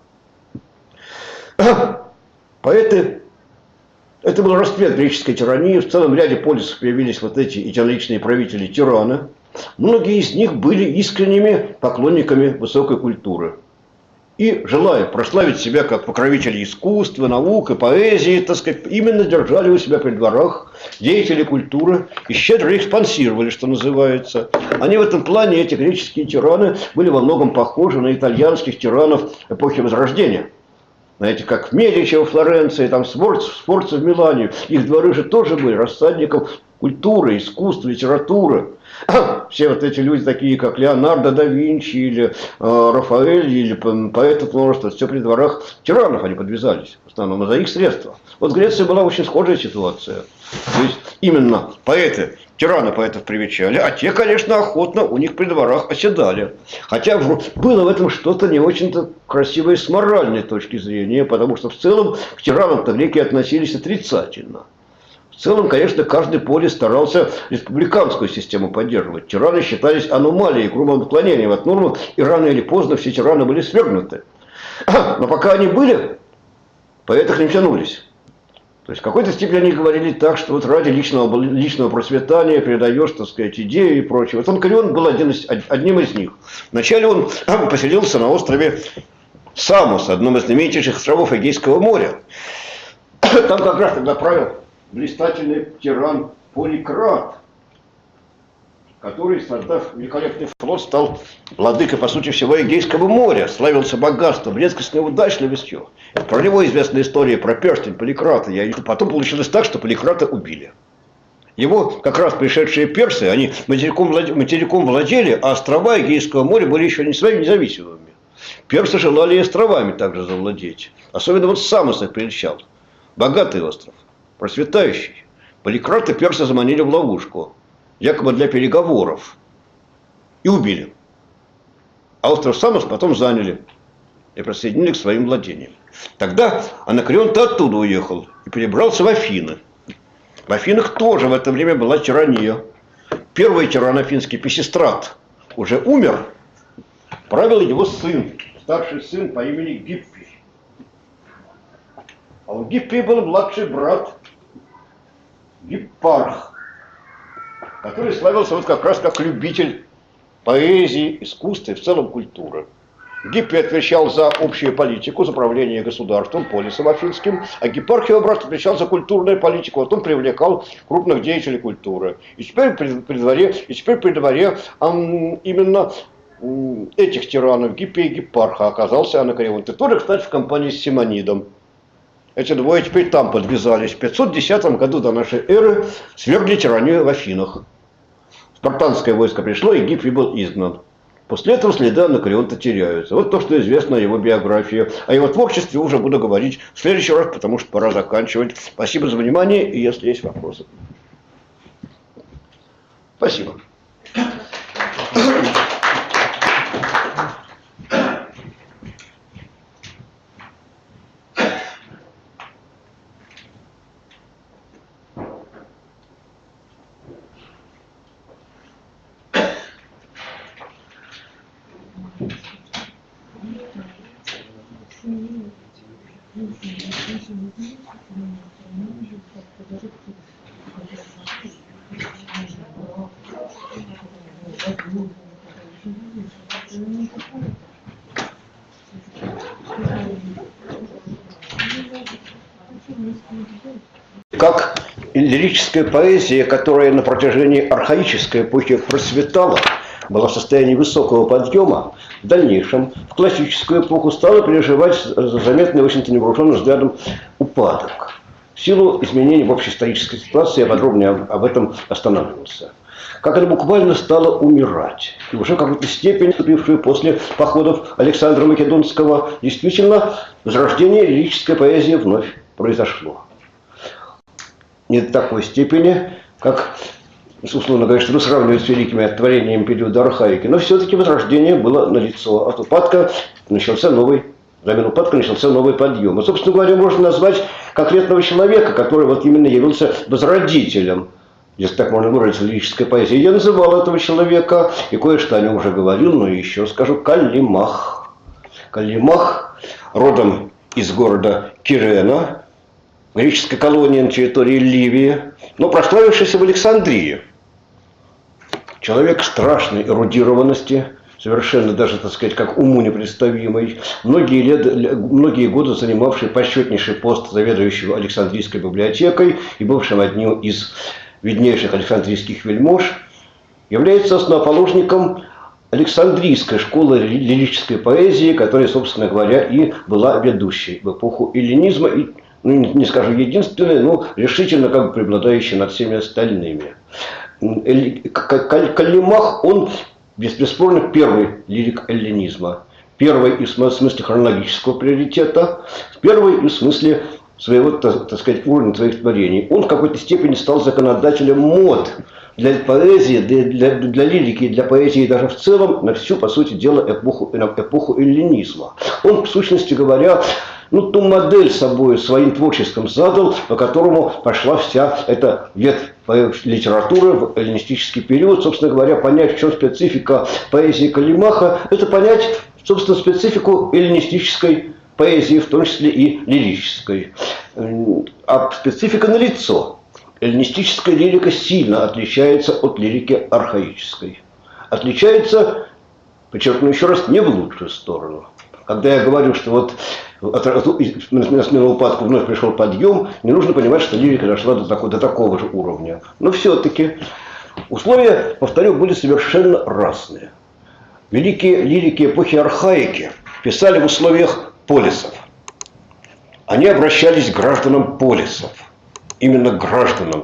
Поэты – это был расцвет греческой тирании. В целом ряде полисов появились вот эти единоличные правители тираны. Многие из них были искренними поклонниками высокой культуры. И, желая прославить себя как покровители искусства, наук и поэзии, так сказать, именно держали у себя при дворах деятели культуры и щедро их спонсировали, что называется. Они в этом плане, эти греческие тираны, были во многом похожи на итальянских тиранов эпохи Возрождения. Знаете, как Медичи во Флоренции, там Сфорца в Милане. Их дворы же тоже были рассадником культуры, искусства, литературы. Все вот эти люди, такие как Леонардо да Винчи или Рафаэль, или поэты множество, все при дворах тиранов они подвязались, в основном за их средства. Вот в Греции была очень схожая ситуация. То есть именно поэты, тираны поэтов привечали, а те, конечно, охотно у них при дворах оседали. Хотя было в этом что-то не очень-то красивое с моральной точки зрения, потому что в целом к тиранам-то греки относились отрицательно. В целом, конечно, каждый полис старался республиканскую систему поддерживать. Тираны считались аномалией, грубым отклонением от нормы, и рано или поздно все тираны были свергнуты. Но пока они были, поэты к ним тянулись. То есть в какой-то степени они говорили так, что вот ради личного процветания передаешь, так сказать, идеи и прочее. Вот Анакреон был одним из них. Вначале он поселился на острове Самос, одном из знаменитейших островов Эгейского моря. Там как раз тогда правил блистательный тиран Поликрат, который, создав великолепный флот, стал владыкой, по сути, всего Эгейского моря, славился богатством, редкостной удачливостью. Про него известна история про перстень Поликрата. Потом получилось так, что Поликрата убили. Его как раз пришедшие персы, они материком владели, а острова Эгейского моря были еще не своими независимыми. Персы желали и островами также завладеть. Особенно вот Самос их прельщал. Богатый остров, процветающий. Поликрата персы заманили в ловушку, якобы для переговоров, и убили. А остров Самос потом заняли и присоединили к своим владениям. Тогда Анакреон-то оттуда уехал и перебрался в Афины. В Афинах тоже в это время была тирания. Первый тиран афинский Писистрат уже умер, правил его сын, старший сын по имени Гиппий. А у Гиппия был младший брат Гиппарх, который славился вот как раз как любитель поэзии, искусства и в целом культуры. Гиппий отвечал за общую политику, за управление государством, полисом афинским, а Гиппарх, его брат, отвечал за культурную политику. Вот он привлекал крупных деятелей культуры. И теперь при дворе именно этих тиранов, Гиппия и Гиппарха, оказался Анакреон. И тоже, кстати, в компании с Симонидом. Эти двое теперь там подвязались. В 510 году до нашей эры свергли тиранию в Афинах. Спартанское войско пришло, и Гиппий был изгнан. После этого следы Анакреона теряются. Вот то, что известно о его биографии. О его творчестве уже буду говорить в следующий раз, потому что пора заканчивать. Спасибо за внимание, и если есть вопросы. Спасибо. Как лирическая поэзия, которая на протяжении архаической эпохи процветала, была в состоянии высокого подъема, в дальнейшем, в классическую эпоху, стала переживать заметный, в общем-то, невооруженным взглядом упадок. В силу изменений в общеисторической ситуации я подробнее об этом останавливался. Как это буквально стало умирать. И уже в какой-то степени, наступившую после походов Александра Македонского, действительно, возрождение лирической поэзии вновь произошло. Не до такой степени, как, условно говоря, что сравнивать с великими творениями периода архаики, но все-таки возрождение было налицо. От упадка начался новый, взамен упадка начался новый подъем. И, собственно говоря, можно назвать конкретного человека, который вот именно явился возродителем, если так можно выразиться, лирической поэзии. Я называл этого человека, и кое-что о нем уже говорил, но еще скажу, Каллимах. Каллимах, родом из города Кирена, греческой колонии на территории Ливии, но прославившийся в Александрии. Человек страшной эрудированности, совершенно даже, так сказать, как уму непредставимый, многие годы занимавший почетнейший пост заведующего Александрийской библиотекой и бывшим одним из виднейших александрийских вельмож, является основоположником Александрийской школы лирической поэзии, которая, собственно говоря, и была ведущей в эпоху эллинизма, и, ну, не скажу единственной, но решительно как бы преобладающей над всеми остальными. Каллимах, он бесспорно первый лирик эллинизма, первый и в смысле хронологического приоритета, первый и в смысле своего, так сказать, уровня своих творений. Он в какой-то степени стал законодателем мод для поэзии, для лирики и для поэзии даже в целом на всю, по сути дела, эпоху эллинизма. Он, в сущности говоря, ну, ту модель собой своим творчеством задал, по которому пошла вся эта ветвь литературы в эллинистический период. Собственно говоря, понять, в чем специфика поэзии Каллимаха, это понять, собственно, специфику эллинистической поэзии, в том числе и лирической. А специфика налицо. Эллинистическая лирика сильно отличается от лирики архаической. Отличается, подчеркну еще раз, не в лучшую сторону. Когда я говорю, что вот на смену упадку вновь пришел подъем, не нужно понимать, что лирика дошла до такого же уровня. Но все-таки условия, повторю, были совершенно разные. Великие лирики эпохи архаики писали в условиях полисов. Они обращались к гражданам полисов. Именно к гражданам.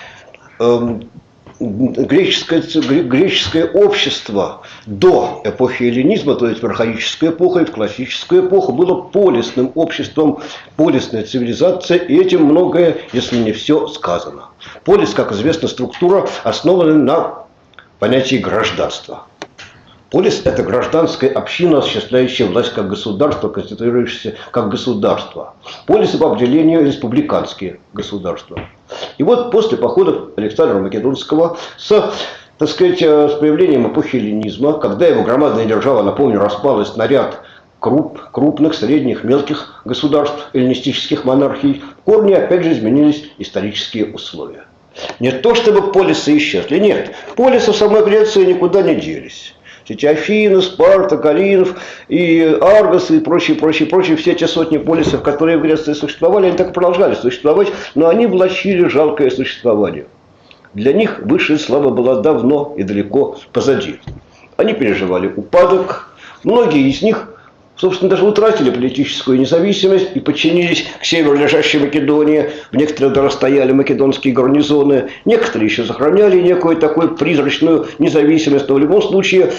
Греческое общество до эпохи эллинизма, то есть в архаическую эпоху и в классическую эпоху, было полисным обществом, полисная цивилизация, и этим многое, если не все, сказано. Полис, как известно, структура, основана на понятии гражданства. Полис – это гражданская община, осуществляющая власть как государство, конституирующаяся как государство. Полисы по определению республиканские государства. И вот после походов Александра Македонского так сказать, с появлением эпохи эллинизма, когда его громадная держава, напомню, распалась на ряд крупных, средних, мелких государств, эллинистических монархий, в корне опять же изменились исторические условия. Не то чтобы полисы исчезли, нет, полисы в самой Греции никуда не делись. Эти Афины, Спарта, Коринф и Аргос и прочие, все те сотни полисов, которые в Греции существовали, они так и продолжали существовать, но они влачили жалкое существование. Для них высшая слава была давно и далеко позади. Они переживали упадок, многие из них, собственно, даже утратили политическую независимость и подчинились к северу лежащей Македонии. В некоторых даже стояли македонские гарнизоны, некоторые еще сохраняли некую такую призрачную независимость, но в любом случае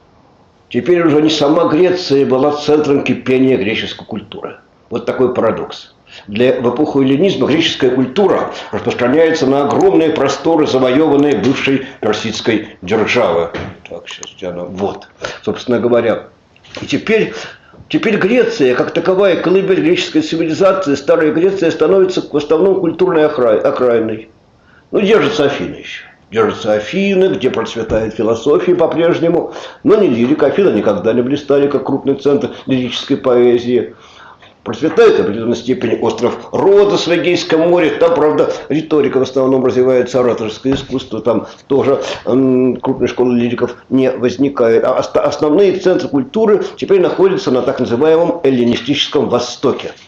теперь уже не сама Греция была центром кипения греческой культуры. Вот такой парадокс. В эпоху эллинизма греческая культура распространяется на огромные просторы, завоеванные бывшей персидской державы. Так, сейчас где она? Вот, собственно говоря. И теперь Греция, как таковая колыбель греческой цивилизации, старая Греция становится в основном культурной окраиной. Ну, держатся Афины еще. Держатся Афины, где процветает философия по-прежнему, но не лирика. Афины никогда не блистали, как крупный центр лирической поэзии. Процветает в определенной степени остров Родос в Эгейском море. Там, правда, риторика в основном развивается, ораторское искусство. Там тоже крупной школы лириков не возникает. А основные центры культуры теперь находятся на так называемом эллинистическом Востоке.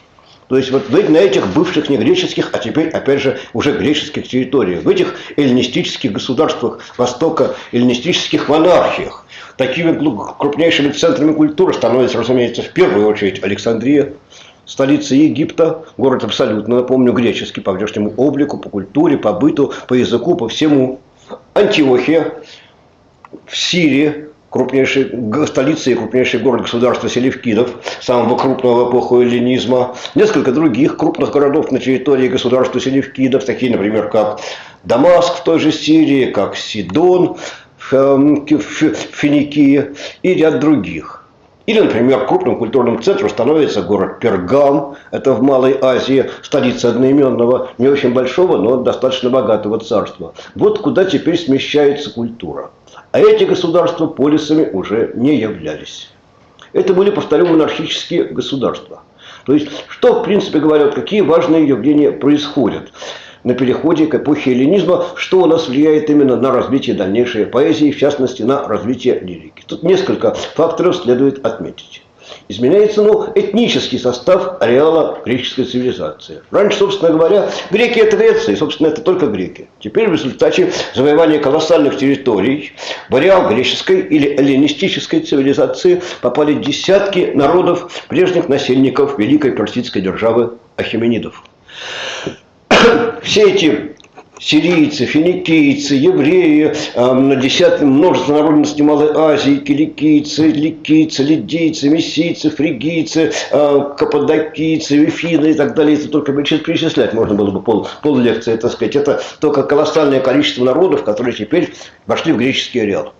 То есть вот на этих бывших негреческих, а теперь, опять же, уже греческих территориях, в этих эллинистических государствах Востока, эллинистических монархиях, такими крупнейшими центрами культуры становится, разумеется, в первую очередь Александрия, столица Египта, город абсолютно, напомню, греческий по внешнему облику, по культуре, по быту, по языку, по всему. Антиохия в Сирии, столица и крупнейший город государства селевкидов, самого крупного в эпоху эллинизма. Несколько других крупных городов на территории государства селевкидов, такие, например, как Дамаск в той же Сирии, как Сидон в Финикии и ряд других. Или, например, крупным культурным центром становится город Пергам, это в Малой Азии, столица одноименного, не очень большого, но достаточно богатого царства. Вот куда теперь смещается культура. А эти государства полисами уже не являлись. Это были, повторю, монархические государства. То есть, что, в принципе говоря, какие важные явления происходят на переходе к эпохе эллинизма, что у нас влияет именно на развитие дальнейшей поэзии, в частности, на развитие лирики. Тут несколько факторов следует отметить. Изменяется, этнический состав ареала греческой цивилизации. Раньше, собственно говоря, греки – это Греция, и, собственно, это только греки. Теперь в результате завоевания колоссальных территорий в ареал греческой или эллинистической цивилизации попали десятки народов, прежних насельников великой персидской державы ахеменидов. Все эти сирийцы, финикийцы, евреи, множество народностей Малой Азии, киликийцы, ликийцы, лидийцы, мессийцы, фригийцы, каппадокийцы, вифины и так далее. Это только перечислять можно было бы пол лекции, так сказать. Это только колоссальное количество народов, которые теперь вошли в греческий ареал.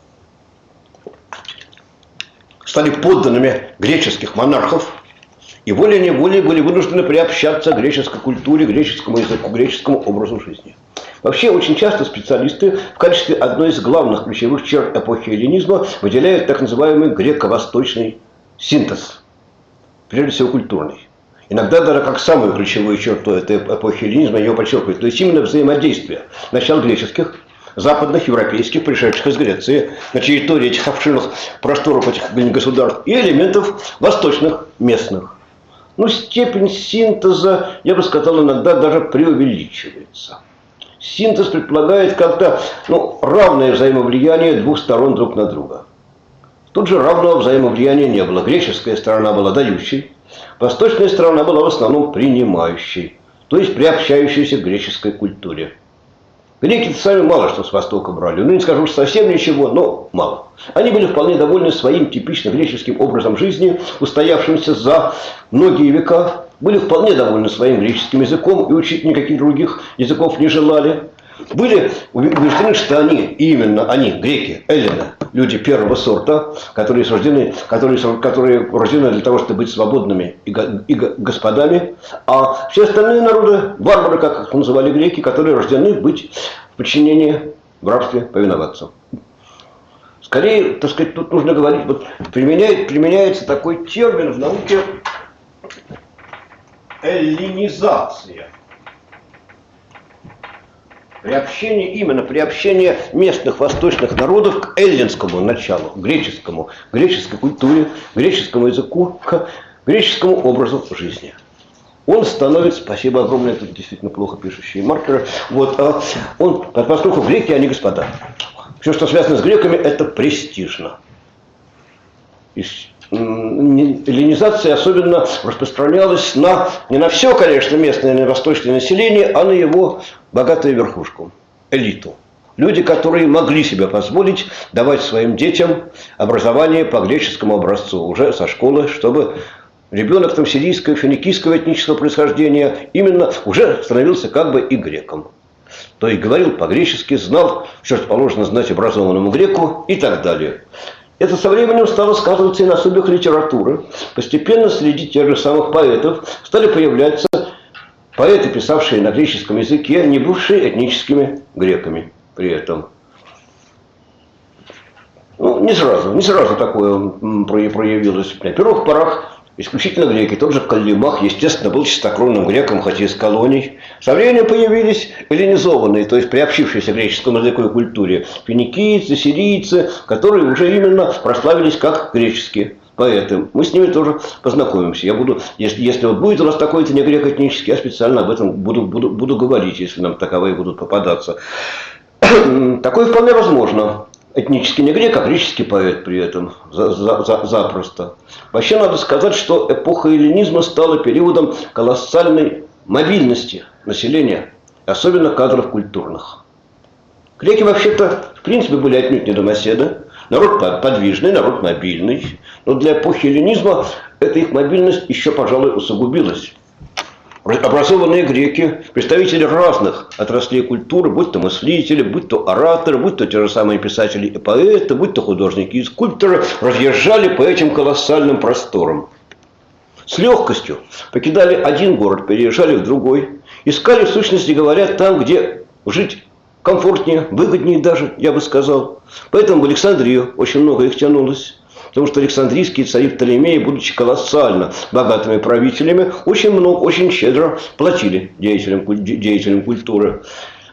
Стали подданными греческих монархов. И волей-неволей были вынуждены приобщаться к греческой культуре, греческому языку, греческому образу жизни. Вообще, очень часто специалисты в качестве одной из главных ключевых черт эпохи эллинизма выделяют так называемый греко-восточный синтез, прежде всего культурный. Иногда даже как самую ключевую черту этой эпохи эллинизма ее подчеркивают. То есть именно взаимодействие начал греческих, западных, европейских, пришедших из Греции, на территории этих обширных просторов этих государств, и элементов восточных, местных. Степень синтеза, я бы сказал, иногда даже преувеличивается. Синтез предполагает как-то равное взаимовлияние двух сторон друг на друга. Тут же равного взаимовлияния не было. Греческая сторона была дающей, восточная сторона была в основном принимающей, то есть приобщающейся к греческой культуре. Греки сами мало что с Востока брали. Не скажу, что совсем ничего, но мало. Они были вполне довольны своим типично греческим образом жизни, устоявшимся за многие века. Были вполне довольны своим греческим языком и учить никаких других языков не желали. Были убеждены, что именно они, греки, эллины, люди первого сорта, которые рождены для того, чтобы быть свободными и господами, а все остальные народы, варвары, как их называли греки, которые рождены быть в подчинении, в рабстве, повиноваться. Скорее, так сказать, тут нужно говорить, применяется такой термин в науке эллинизация. Приобщение местных восточных народов к эллинскому началу, греческой культуре, греческому языку, к греческому образу жизни. Он становится, спасибо огромное, тут действительно плохо пишущие маркеры, поскольку греки, они господа. Все, что связано с греками, это престижно. Эллинизация особенно распространялась не на все, конечно, местное восточное население, а на его богатую верхушку, элиту. Люди, которые могли себе позволить давать своим детям образование по греческому образцу уже со школы, чтобы ребенок там сирийского, финикийского этнического происхождения именно уже становился как бы и греком. То есть говорил по-гречески, знал, что положено знать образованному греку и так далее. Это со временем стало сказываться и на судьбах литературы. Постепенно среди тех же самых поэтов стали появляться поэты, писавшие на греческом языке, не бывшие этническими греками при этом. Не сразу такое проявилось. На первых порах исключительно греки. Тот же Каллимах, естественно, был чистокровным греком, хотя из колоний. Со временем появились эллинизованные, то есть приобщившиеся к греческому языку и культуре, финикийцы, сирийцы, которые уже именно прославились как греческие. поэты. Мы с ними тоже познакомимся. Я буду, если вот будет у нас такой-то не грек этнический, я специально об этом буду говорить, если нам таковые будут попадаться. Такое вполне возможно. Этнический не грек, а греческий поэт при этом. Запросто. Вообще надо сказать, что эпоха эллинизма стала периодом колоссальной мобильности населения, особенно кадров культурных. Греки вообще-то, в принципе, были отнюдь не домоседы. Народ подвижный, народ мобильный. Но для эпохи эллинизма эта их мобильность еще, пожалуй, усугубилась. Образованные греки, представители разных отраслей культуры, будь то мыслители, будь то ораторы, будь то те же самые писатели и поэты, будь то художники и скульпторы, разъезжали по этим колоссальным просторам. С легкостью покидали один город, переезжали в другой, искали, в сущности говоря, там, где жить комфортнее, выгоднее даже, я бы сказал. Поэтому в Александрию очень много их тянулось. Потому что александрийские цари Птолемеи, будучи колоссально богатыми правителями, очень много, очень щедро платили деятелям культуры.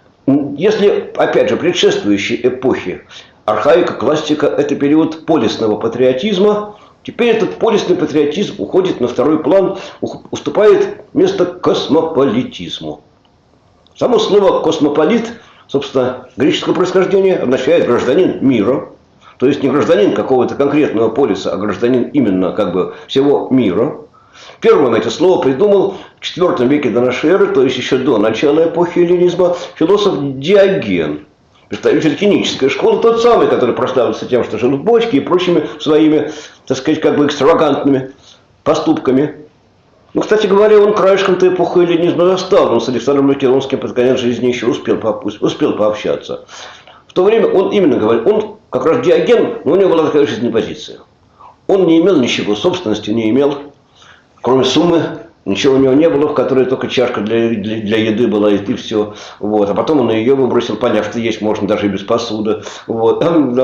Если, опять же, предшествующей эпохи архаика, классика – это период полисного патриотизма, теперь этот полисный патриотизм уходит на второй план, уступает место космополитизму. Само слово «космополит», собственно, греческого происхождения, означает «гражданин мира». То есть не гражданин какого-то конкретного полиса, а гражданин именно как бы всего мира. Первым это слово придумал в IV веке до нашей эры, то есть еще до начала эпохи эллинизма, философ Диоген, представитель кинической школы, тот самый, который прославился тем, что жил в бочке и прочими своими, так сказать, как бы экстравагантными поступками. Ну, кстати говоря, он краешком-то эпоху эллинизма застал, он с Александром Македонским под конец жизни еще успел пообщаться. В то время он именно говорил, он как раз Диоген, но у него была такая жизненная позиция. Он не имел ничего, собственности не имел, кроме суммы, ничего у него не было, в которой только чашка для еды была, и все. Вот. А потом он ее выбросил, поняв, что есть можно даже и без посуды. Вот.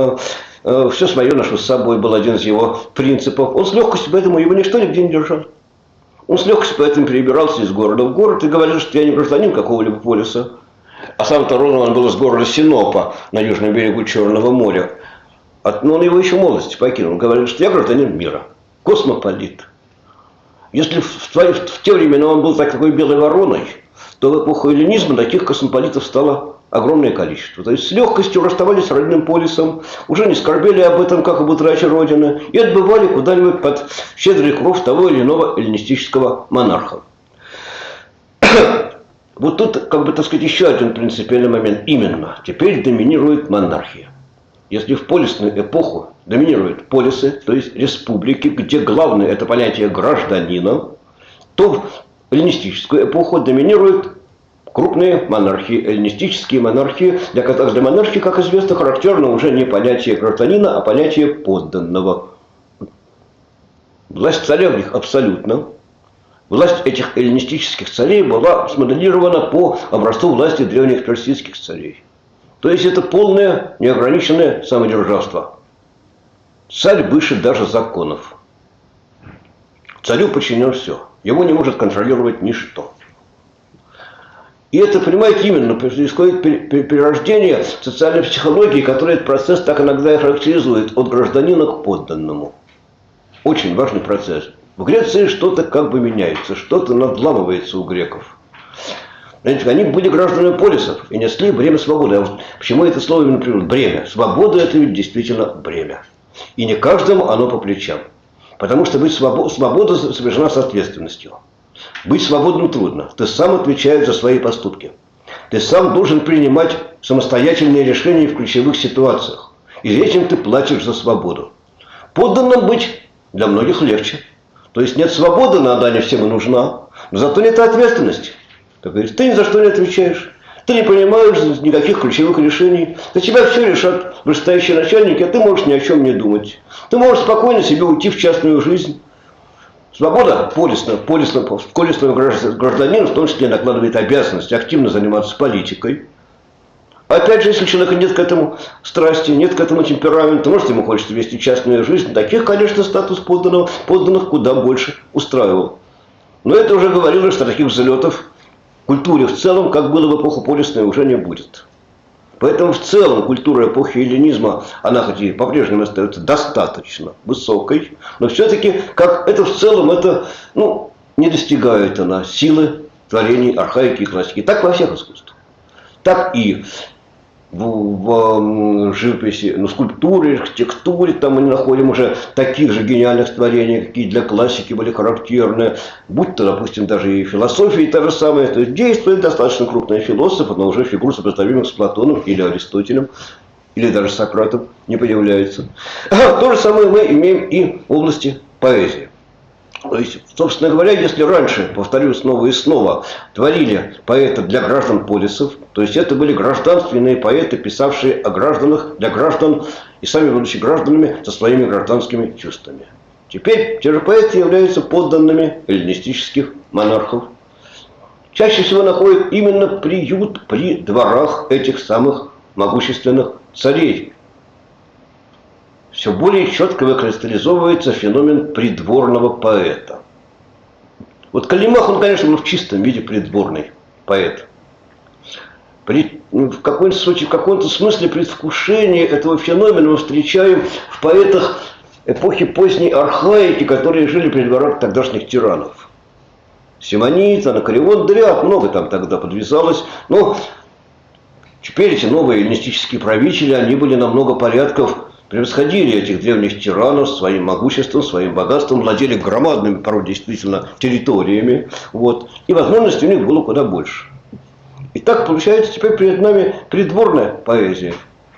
Все свое ношу с собой, был один из его принципов. Он с легкостью, поэтому его ничто нигде не держал. Он с легкостью поэтому перебирался из города в город и говорил, что я не гражданин какого-либо полиса. А сам-то родом он был из города Синопа на южном берегу Черного моря. Но он его еще в молодости покинул. Он говорил, что я гражданин мира, космополит. Если в те времена он был такой белой вороной, то в эпоху эллинизма таких космополитов стало огромное количество. То есть с легкостью расставались с родным полисом, уже не скорбели об этом, как об утрате родины, и отбывали куда-нибудь под щедрый кров того или иного эллинистического монарха. Вот тут, как бы, так сказать, еще один принципиальный момент. Именно, теперь доминирует монархия. Если в полисную эпоху доминируют полисы, то есть республики, где главное это понятие гражданина, то в эллинистическую эпоху доминируют крупные монархии, эллинистические монархии, для которых для монархии, как известно, характерно уже не понятие гражданина, а понятие подданного. Власть царя в них абсолютно. Власть этих эллинистических царей была смоделирована по образцу власти древних персидских царей. То есть это полное неограниченное самодержавство. Царь выше даже законов. Царю подчинено все. Его не может контролировать ничто. И это, понимаете, именно происходит перерождение социальной психологии, которая этот процесс так иногда и характеризует от гражданина к подданному. Очень важный процесс. В Греции что-то как бы меняется, что-то надламывается у греков. Знаете, они были гражданами полисов и несли бремя свободы. Почему это слово именно приводит? Бремя. Свобода – это ведь действительно бремя. И не каждому оно по плечам. Потому что быть свобода сопряжена с ответственностью. Быть свободным трудно. Ты сам отвечаешь за свои поступки. Ты сам должен принимать самостоятельные решения в ключевых ситуациях. И этим ты платишь за свободу. Подданным быть для многих легче. То есть нет свободы, она не всем и нужна, но зато нет ответственности. Как говорится, ты ни за что не отвечаешь, ты не принимаешь никаких ключевых решений, за тебя все решат вышестоящие начальники, а ты можешь ни о чем не думать. Ты можешь спокойно себе уйти в частную жизнь. Свобода полисного гражданина в том числе накладывает обязанность активно заниматься политикой. Опять же, если у человека нет к этому страсти, нет к этому темперамента, может, ему хочется вести частную жизнь, таких, конечно, статус подданных куда больше устраивал. Но это уже говорилось, что таких взлетов в культуре в целом, как было в эпоху полисной, уже не будет. Поэтому в целом культура эпохи эллинизма, она хоть и по-прежнему остается достаточно высокой, но все-таки, как это в целом, это, ну, не достигает она силы творений архаики и классики. Так во всех искусствах. Так и в живописи, ну, скульптуре, архитектуре, там мы не находим уже таких же гениальных творений, какие для классики были характерны, будь то, допустим, даже и философия та же самая, то есть действует достаточно крупный философ, но уже фигур, сопоставимых с Платоном или Аристотелем, или даже Сократом, не появляется. То же самое мы имеем и в области поэзии. То есть, собственно говоря, если раньше, повторю снова и снова, творили поэты для граждан полисов, то есть это были гражданственные поэты, писавшие о гражданах, для граждан и сами будучи гражданами со своими гражданскими чувствами. Теперь те же поэты являются подданными эллинистических монархов. Чаще всего находят именно приют при дворах этих самых могущественных царей. Все более четко выкристаллизовывается феномен придворного поэта. Вот Каллимах, он, конечно, был в чистом виде придворный поэт. В каком-то смысле предвкушение этого феномена мы встречаем в поэтах эпохи поздней архаики, которые жили при дворах тогдашних тиранов. Симонид, Анакреон, да ряд, много там тогда подвязалось. Но теперь эти новые эллинистические правители, они были на много порядков превосходили этих древних тиранов своим могуществом, своим богатством, владели громадными, порой действительно, территориями. Вот, и возможностей у них было куда больше. И так получается теперь перед нами придворная поэзия.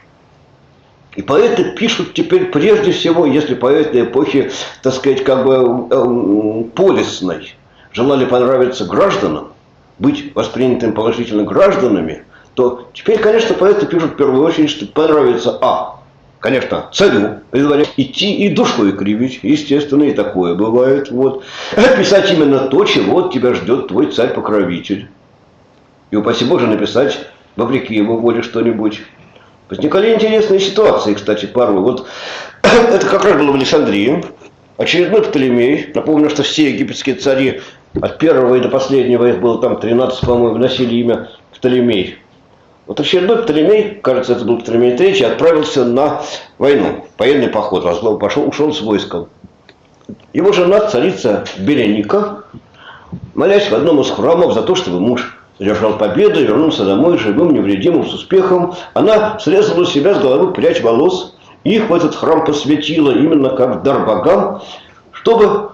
И поэты пишут теперь прежде всего, если поэты эпохи, так сказать, как бы полисной, желали понравиться гражданам, быть воспринятым положительно гражданами, то теперь, конечно, поэты пишут в первую очередь, что понравится конечно, царю идти и душой кривить, естественно, и такое бывает. Вот. Писать именно то, чего от тебя ждет твой царь-покровитель. И упаси Боже написать, вопреки его воле, что-нибудь. Возникали интересные ситуации, кстати, порой. Вот это как раз было в Александрии. Очередной Птолемей. Напомню, что все египетские цари, от первого и до последнего, их было там 13, по-моему, носили имя Птолемей. Вот очередной Птолемей, кажется, это был Птолемей III, отправился на войну, военный поход, ушел с войском. Его жена, царица Береника, молясь в одном из храмов за то, чтобы муж одержал победу, вернулся домой живым, невредимым, с успехом, она срезала у себя с головы прядь волос, и их в этот храм посвятила именно как дар богам, чтобы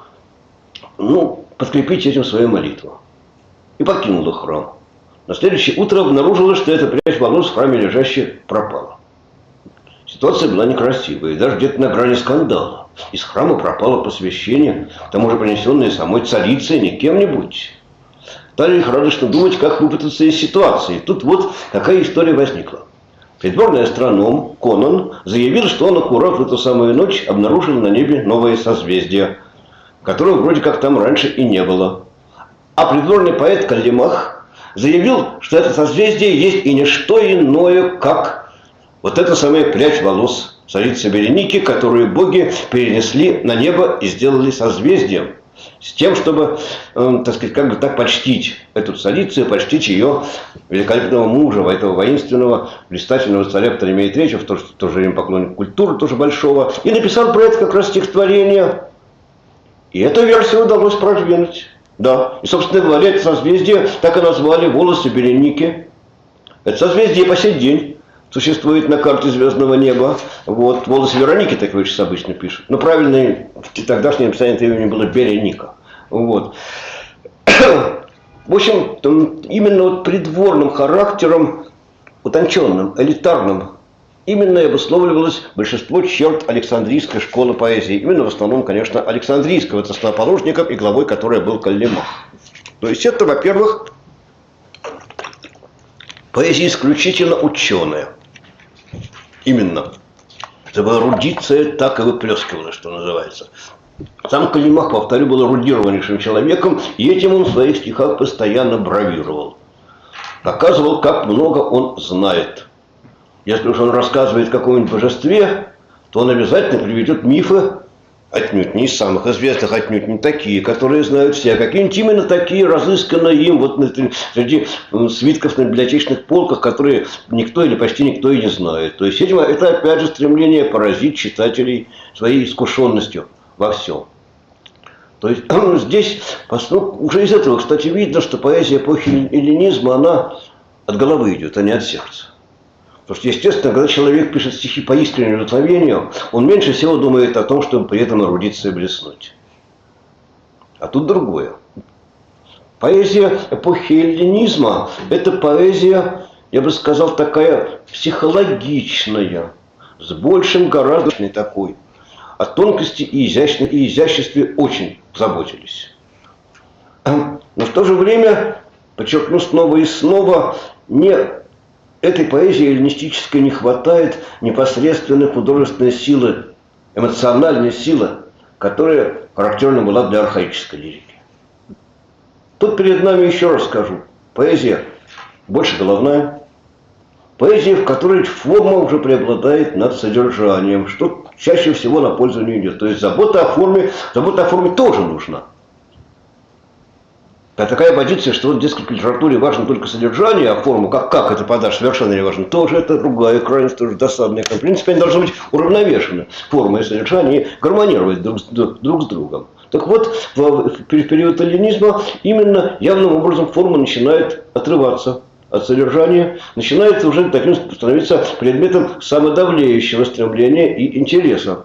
подкрепить этим свою молитву. И покинула храм. На следующее утро обнаружилось, что эта прядь волос в храме лежащая пропала. Ситуация была некрасивая, и даже где-то на грани скандала. Из храма пропало посвящение, к тому же принесенное самой царицей, не кем-нибудь. Стали лихорадочно думать, как выпутаться из ситуации. Тут вот какая история возникла. Придворный астроном Конан заявил, что он аккурат в эту самую ночь обнаружил на небе новое созвездие, которого вроде как там раньше и не было. А придворный поэт Каллимах заявил, что это созвездие есть и не что иное, как вот эта самая прядь волос царицы Береники, которую боги перенесли на небо и сделали созвездием. С тем, чтобы, так сказать, как бы так почтить эту царицу и почтить ее великолепного мужа, этого воинственного, блистательного царя Птолемея III, в то же время поклонник культуры, тоже большого. И написал про это как раз стихотворение. И эту версию удалось продвинуть. Да, и, собственно говоря, это созвездие так и назвали волосы Береники. Это созвездие по сей день существует на карте звездного неба. Вот, волосы Вероники, так его сейчас обычно пишут. Но правильное в тогдашнем написании это имя было Береника. Вот. В общем, именно вот придворным характером, утонченным, элитарным, именно и обусловливалось большинство черт Александрийской школы поэзии. Именно в основном, конечно, Александрийского, это основоположником и главой которой был Каллимах. То есть это, во-первых, поэзия исключительно ученая. Именно. Чтобы эрудиция так и выплескивалась, что называется. Сам Каллимах, повторю, был эрудированнейшим человеком, и этим он в своих стихах постоянно бравировал. Показывал, как много он знает. Если уж он рассказывает о каком-нибудь божестве, то он обязательно приведет мифы отнюдь не из самых известных, отнюдь не такие, которые знают все, а какие-нибудь именно такие, разысканные им вот среди свитков на библиотечных полках, которые никто или почти никто и не знает. То есть, видимо, это опять же стремление поразить читателей своей искушенностью во всем. То есть здесь уже из этого, кстати, видно, что поэзия эпохи эллинизма, она от головы идет, а не от сердца. Потому что, естественно, когда человек пишет стихи по искреннему удовлетворению, он меньше всего думает о том, чтобы при этом нарудиться и блеснуть. А тут другое. Поэзия эпохи эллинизма – это поэзия, я бы сказал, такая психологичная, с большим, гораздо такой. О тонкости и изяществе очень заботились. Но в то же время, подчеркну снова и снова, этой поэзии эллинистической не хватает непосредственной художественной силы, эмоциональной силы, которая характерна была для архаической лирики. Тут перед нами, еще раз скажу, поэзия больше головная, поэзия, в которой форма уже преобладает над содержанием, что чаще всего на пользу не идет. То есть забота о форме тоже нужна. А такая позиция, что вот, дескать, в литературе важно только содержание, а форму, как это подашь, совершенно не важно, тоже это другая крайность, тоже досадная. В принципе, они должны быть уравновешены, форма и содержание, и гармонировать друг с другом. Так вот, в период эллинизма именно явным образом форма начинает отрываться от содержания, начинает уже таким становиться предметом самодавлеющего стремления и интереса.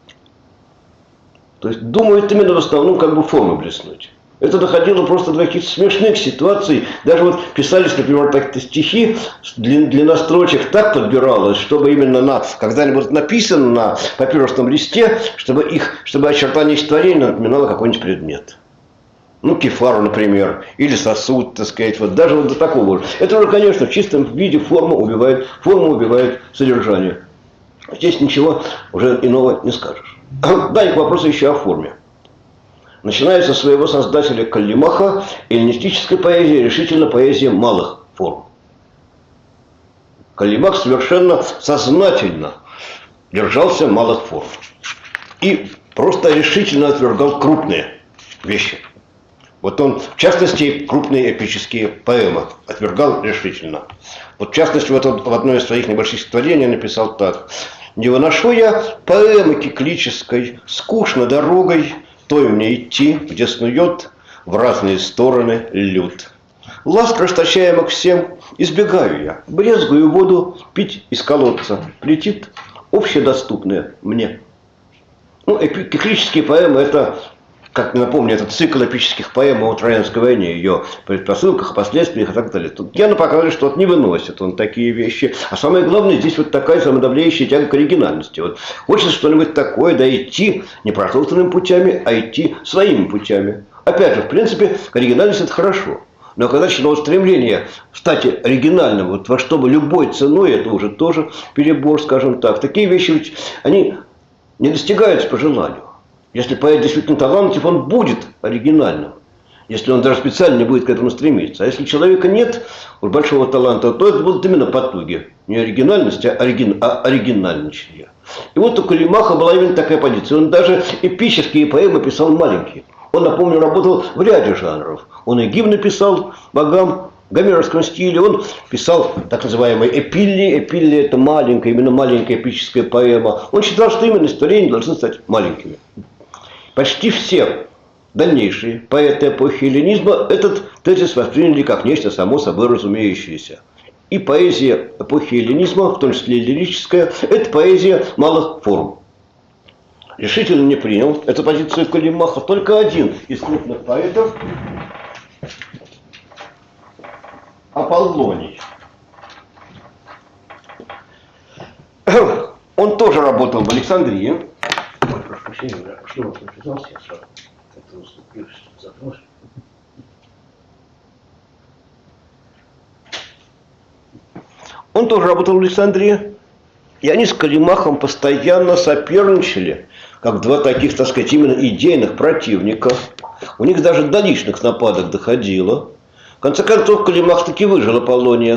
То есть думают именно в основном как бы формы блеснуть. Это доходило просто до каких-то смешных ситуаций. Даже вот писались, например, такие стихи, длина строчек так подбиралась, чтобы именно когда они будут написаны на папирусном листе, чтобы очертание стихотворения напоминало какой-нибудь предмет. Ну, кефару, например, или сосуд, так сказать, вот даже вот до такого. Это уже, конечно, в чистом виде форма убивает содержание. Здесь ничего уже иного не скажешь. Да, и к вопросу еще о форме. Начиная со своего создателя Каллимаха, эллинистическая поэзия решительно поэзия малых форм. Каллимах совершенно сознательно держался малых форм. И просто решительно отвергал крупные вещи. Вот он, в частности, крупные эпические поэмы отвергал решительно. Вот, в частности, вот он в одной из своих небольших стихотворений написал так. «Не выношу я поэмы киклической, скучно дорогой, той мне идти, где снует в разные стороны люд. Ласк расточаемых всем избегаю я, брезгую воду пить из колодца, летит общедоступное мне». Ну, киклические поэмы – это, как напомню, это цикл эпических поэм о Троянской войне, ее предпосылках, последствиях и так далее. Тут Яна показывает, что не выносит он такие вещи. А самое главное, здесь вот такая самодавляющая тяга к оригинальности. Вот хочется что-нибудь такое, да идти не протоптанными путями, а идти своими путями. Опять же, в принципе, оригинальность – это хорошо. Но когда началось стремление стать оригинальным, вот во что бы любой ценой, это уже тоже перебор, скажем так. Такие вещи ведь, они не достигаются по желанию. Если поэт действительно талантлив, он будет оригинальным. Если он даже специально не будет к этому стремиться. А если у человека нет большого таланта, то это будут именно потуги. Не оригинальность, а оригинальничание. И вот у Каллимаха была именно такая позиция. Он даже эпические поэмы писал маленькие. Он, напомню, работал в ряде жанров. Он и гимны писал богам в гомеровском стиле. Он писал так называемые эпилли. Эпилли – это маленькая, именно маленькая эпическая поэма. Он считал, что именно стихотворения должны стать маленькими. Почти все дальнейшие поэты эпохи эллинизма этот тезис восприняли как нечто само собой разумеющееся. И поэзия эпохи эллинизма, в том числе и лирическая, это поэзия малых форм. Решительно не принял эту позицию Каллимаха только один из крупных поэтов – Аполлоний. Он тоже работал в Александрии. Ой, прошу прощения, что вас написался, я сразу как-то уступился, запнулся. Он тоже работал в Александрии, и они с Каллимахом постоянно соперничали, как два таких, так сказать, именно идейных противника. У них даже до личных нападок доходило. В конце концов, Калимах таки выжил Аполлония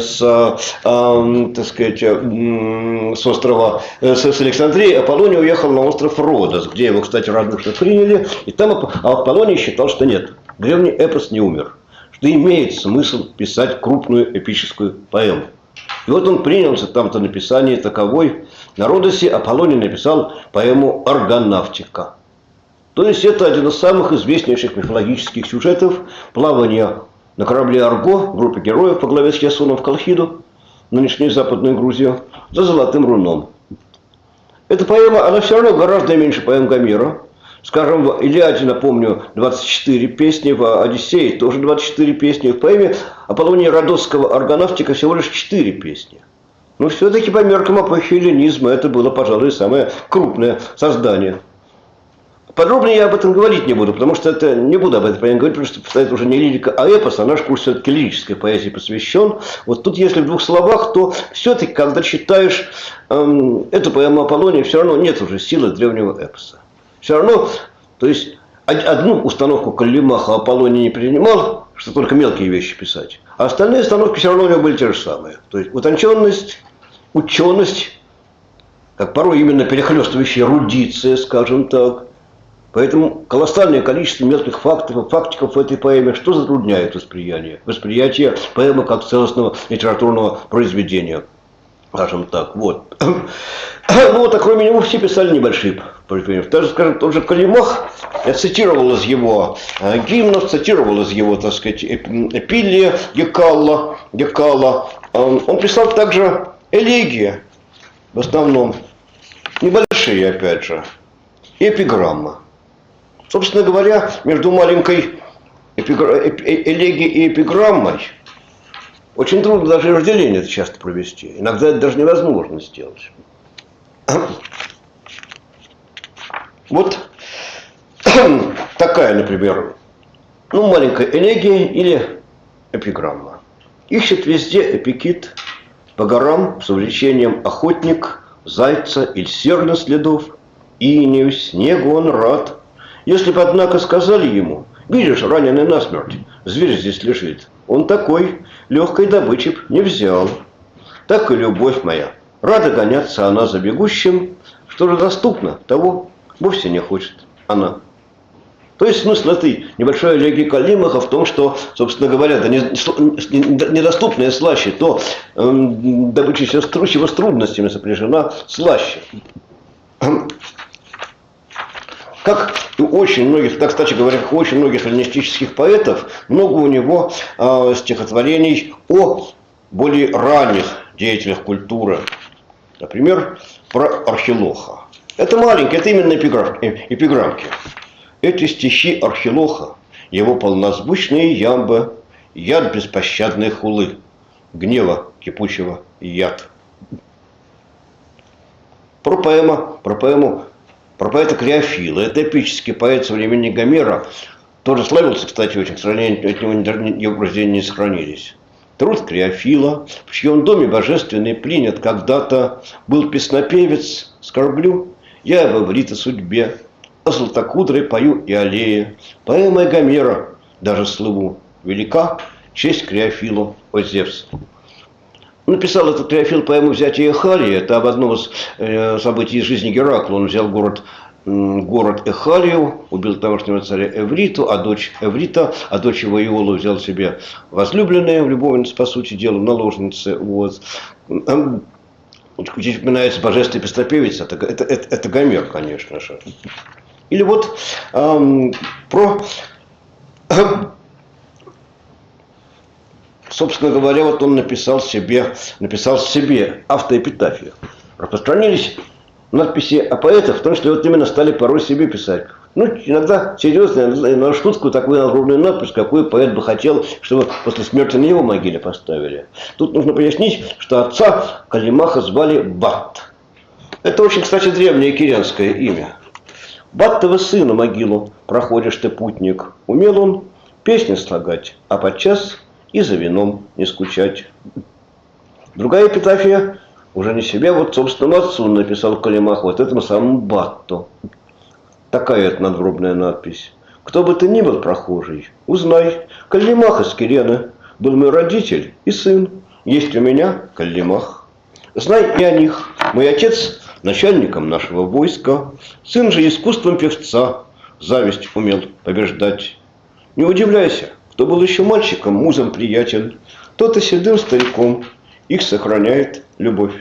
так сказать, с острова, с Александрии. Аполлоний уехал на остров Родос, где его, кстати, радушно приняли. И там Аполлоний считал, что нет, древний эпос не умер, что имеет смысл писать крупную эпическую поэму. И вот он принялся там-то написание таковой. На Родосе Аполлоний написал поэму «Аргонавтика». То есть это один из самых известнейших мифологических сюжетов плавания на корабле «Арго» в группе героев по главе с Ясоном в Колхиду, нынешнюю Западную Грузию, за Золотым Руном. Эта поэма, она все равно гораздо меньше поэм Гомера. Скажем, в «Илиаде», напомню, 24 песни, в «Одиссее» тоже 24 песни. В поэме Аполлония Родосского «Аргонавтика» всего лишь 4 песни. Но все-таки по меркам эпохи эллинизма это было, пожалуй, самое крупное создание. Подробнее я об этом говорить не буду, потому что это не буду об этом говорить, потому что это уже не лирика, а эпос, а наш курс все-таки лирической поэзии посвящен. Вот тут, если в двух словах, то все-таки, когда читаешь эту поэму Аполлония, все равно нет уже силы древнего эпоса. Все равно, то есть, одну установку Калимаха Аполлоний не принимал, что только мелкие вещи писать, а остальные установки все равно у него были те же самые. То есть, утонченность, ученость, как порой именно перехлестывающая эрудиция, скажем так. Поэтому колоссальное количество мелких фактов и фактиков в этой поэме, что затрудняет восприятие поэмы как целостного литературного произведения. Скажем так, вот. Вот, а кроме него все писали небольшие произведения. Даже, скажем, тот же Калимах, я цитировал из его гимнов, цитировал из его, так сказать, эпилия Гекала. Он писал также элегии, в основном, небольшие, опять же, и эпиграммы. Собственно говоря, между маленькой элегией и эпиграммой очень трудно даже разделение это часто провести. Иногда это даже невозможно сделать. Вот такая, например, маленькая элегия или эпиграмма. Ищет везде эпикит по горам с увлечением охотник, зайца или серна следов, инею, снегу он рад. Если бы, однако, сказали ему: видишь, раненый насмерть, зверь здесь лежит, он такой, легкой добычи б не взял. Так и любовь моя, рада гоняться она за бегущим, что же доступно, того вовсе не хочет она. То есть смысл этой небольшой элегии Калимаха в том, что, собственно говоря, да недоступное слаще, то добыча чего с трудностями сопряжена слаще. Как у очень многих, так, кстати говоря, как у очень многих эллинистических поэтов, много у него стихотворений о более ранних деятелях культуры. Например, про Архилоха. Это маленькие, это именно эпиграммки. Эти стихи Архилоха, его полнозвучные ямбы, яд беспощадной хулы, гнева кипучего яд. Про поэта Креофила. Это эпический поэт современник Гомера. Тоже славился, кстати, очень. К сожалению, от него его произведения не сохранились. Труд Креофила, в чьем доме божественный принят когда-то был песнопевец, скорблю я об Эврите судьбе, о златокудрой пою и аллее. Поэмой Гомера даже слыву велика честь Креофилу, о Зевс. Написал этот Креофил поэму «Взятие Эхалии». Это об одном из событий из жизни Геракла. Он взял город Эхалию, убил тамошнего царя Эвриту, а дочь его Иолу взял себе возлюбленную, любовницу, по сути дела, наложницы. Вот. Здесь упоминается божественный песнопевец, это Гомер, конечно же. Или вот собственно говоря, вот он написал себе автоэпитафию. Распространились надписи о поэтах, потому что вот именно стали порой себе писать. Иногда серьезно, на шутку такую огромную надпись, какую поэт бы хотел, чтобы после смерти на его могиле поставили. Тут нужно пояснить, что отца Калимаха звали Бат. Это очень, кстати, древнее кирянское имя. Баттова сына могилу проходишь ты, путник. Умел он песни слагать, а подчас и за вином не скучать. Другая эпитафия уже не себе, вот собственному отцу написал Калимах, вот этому самому Батту. Такая это надгробная надпись. Кто бы ты ни был прохожий, узнай, Калимах из Кирены, Был мой родитель и сын. Есть у меня Калимах. Знай и о них. Мой отец начальником нашего войска. Сын же искусством певца зависть умел побеждать. Не удивляйся, кто был еще мальчиком, музом приятен, тот и седым стариком их сохраняет любовь.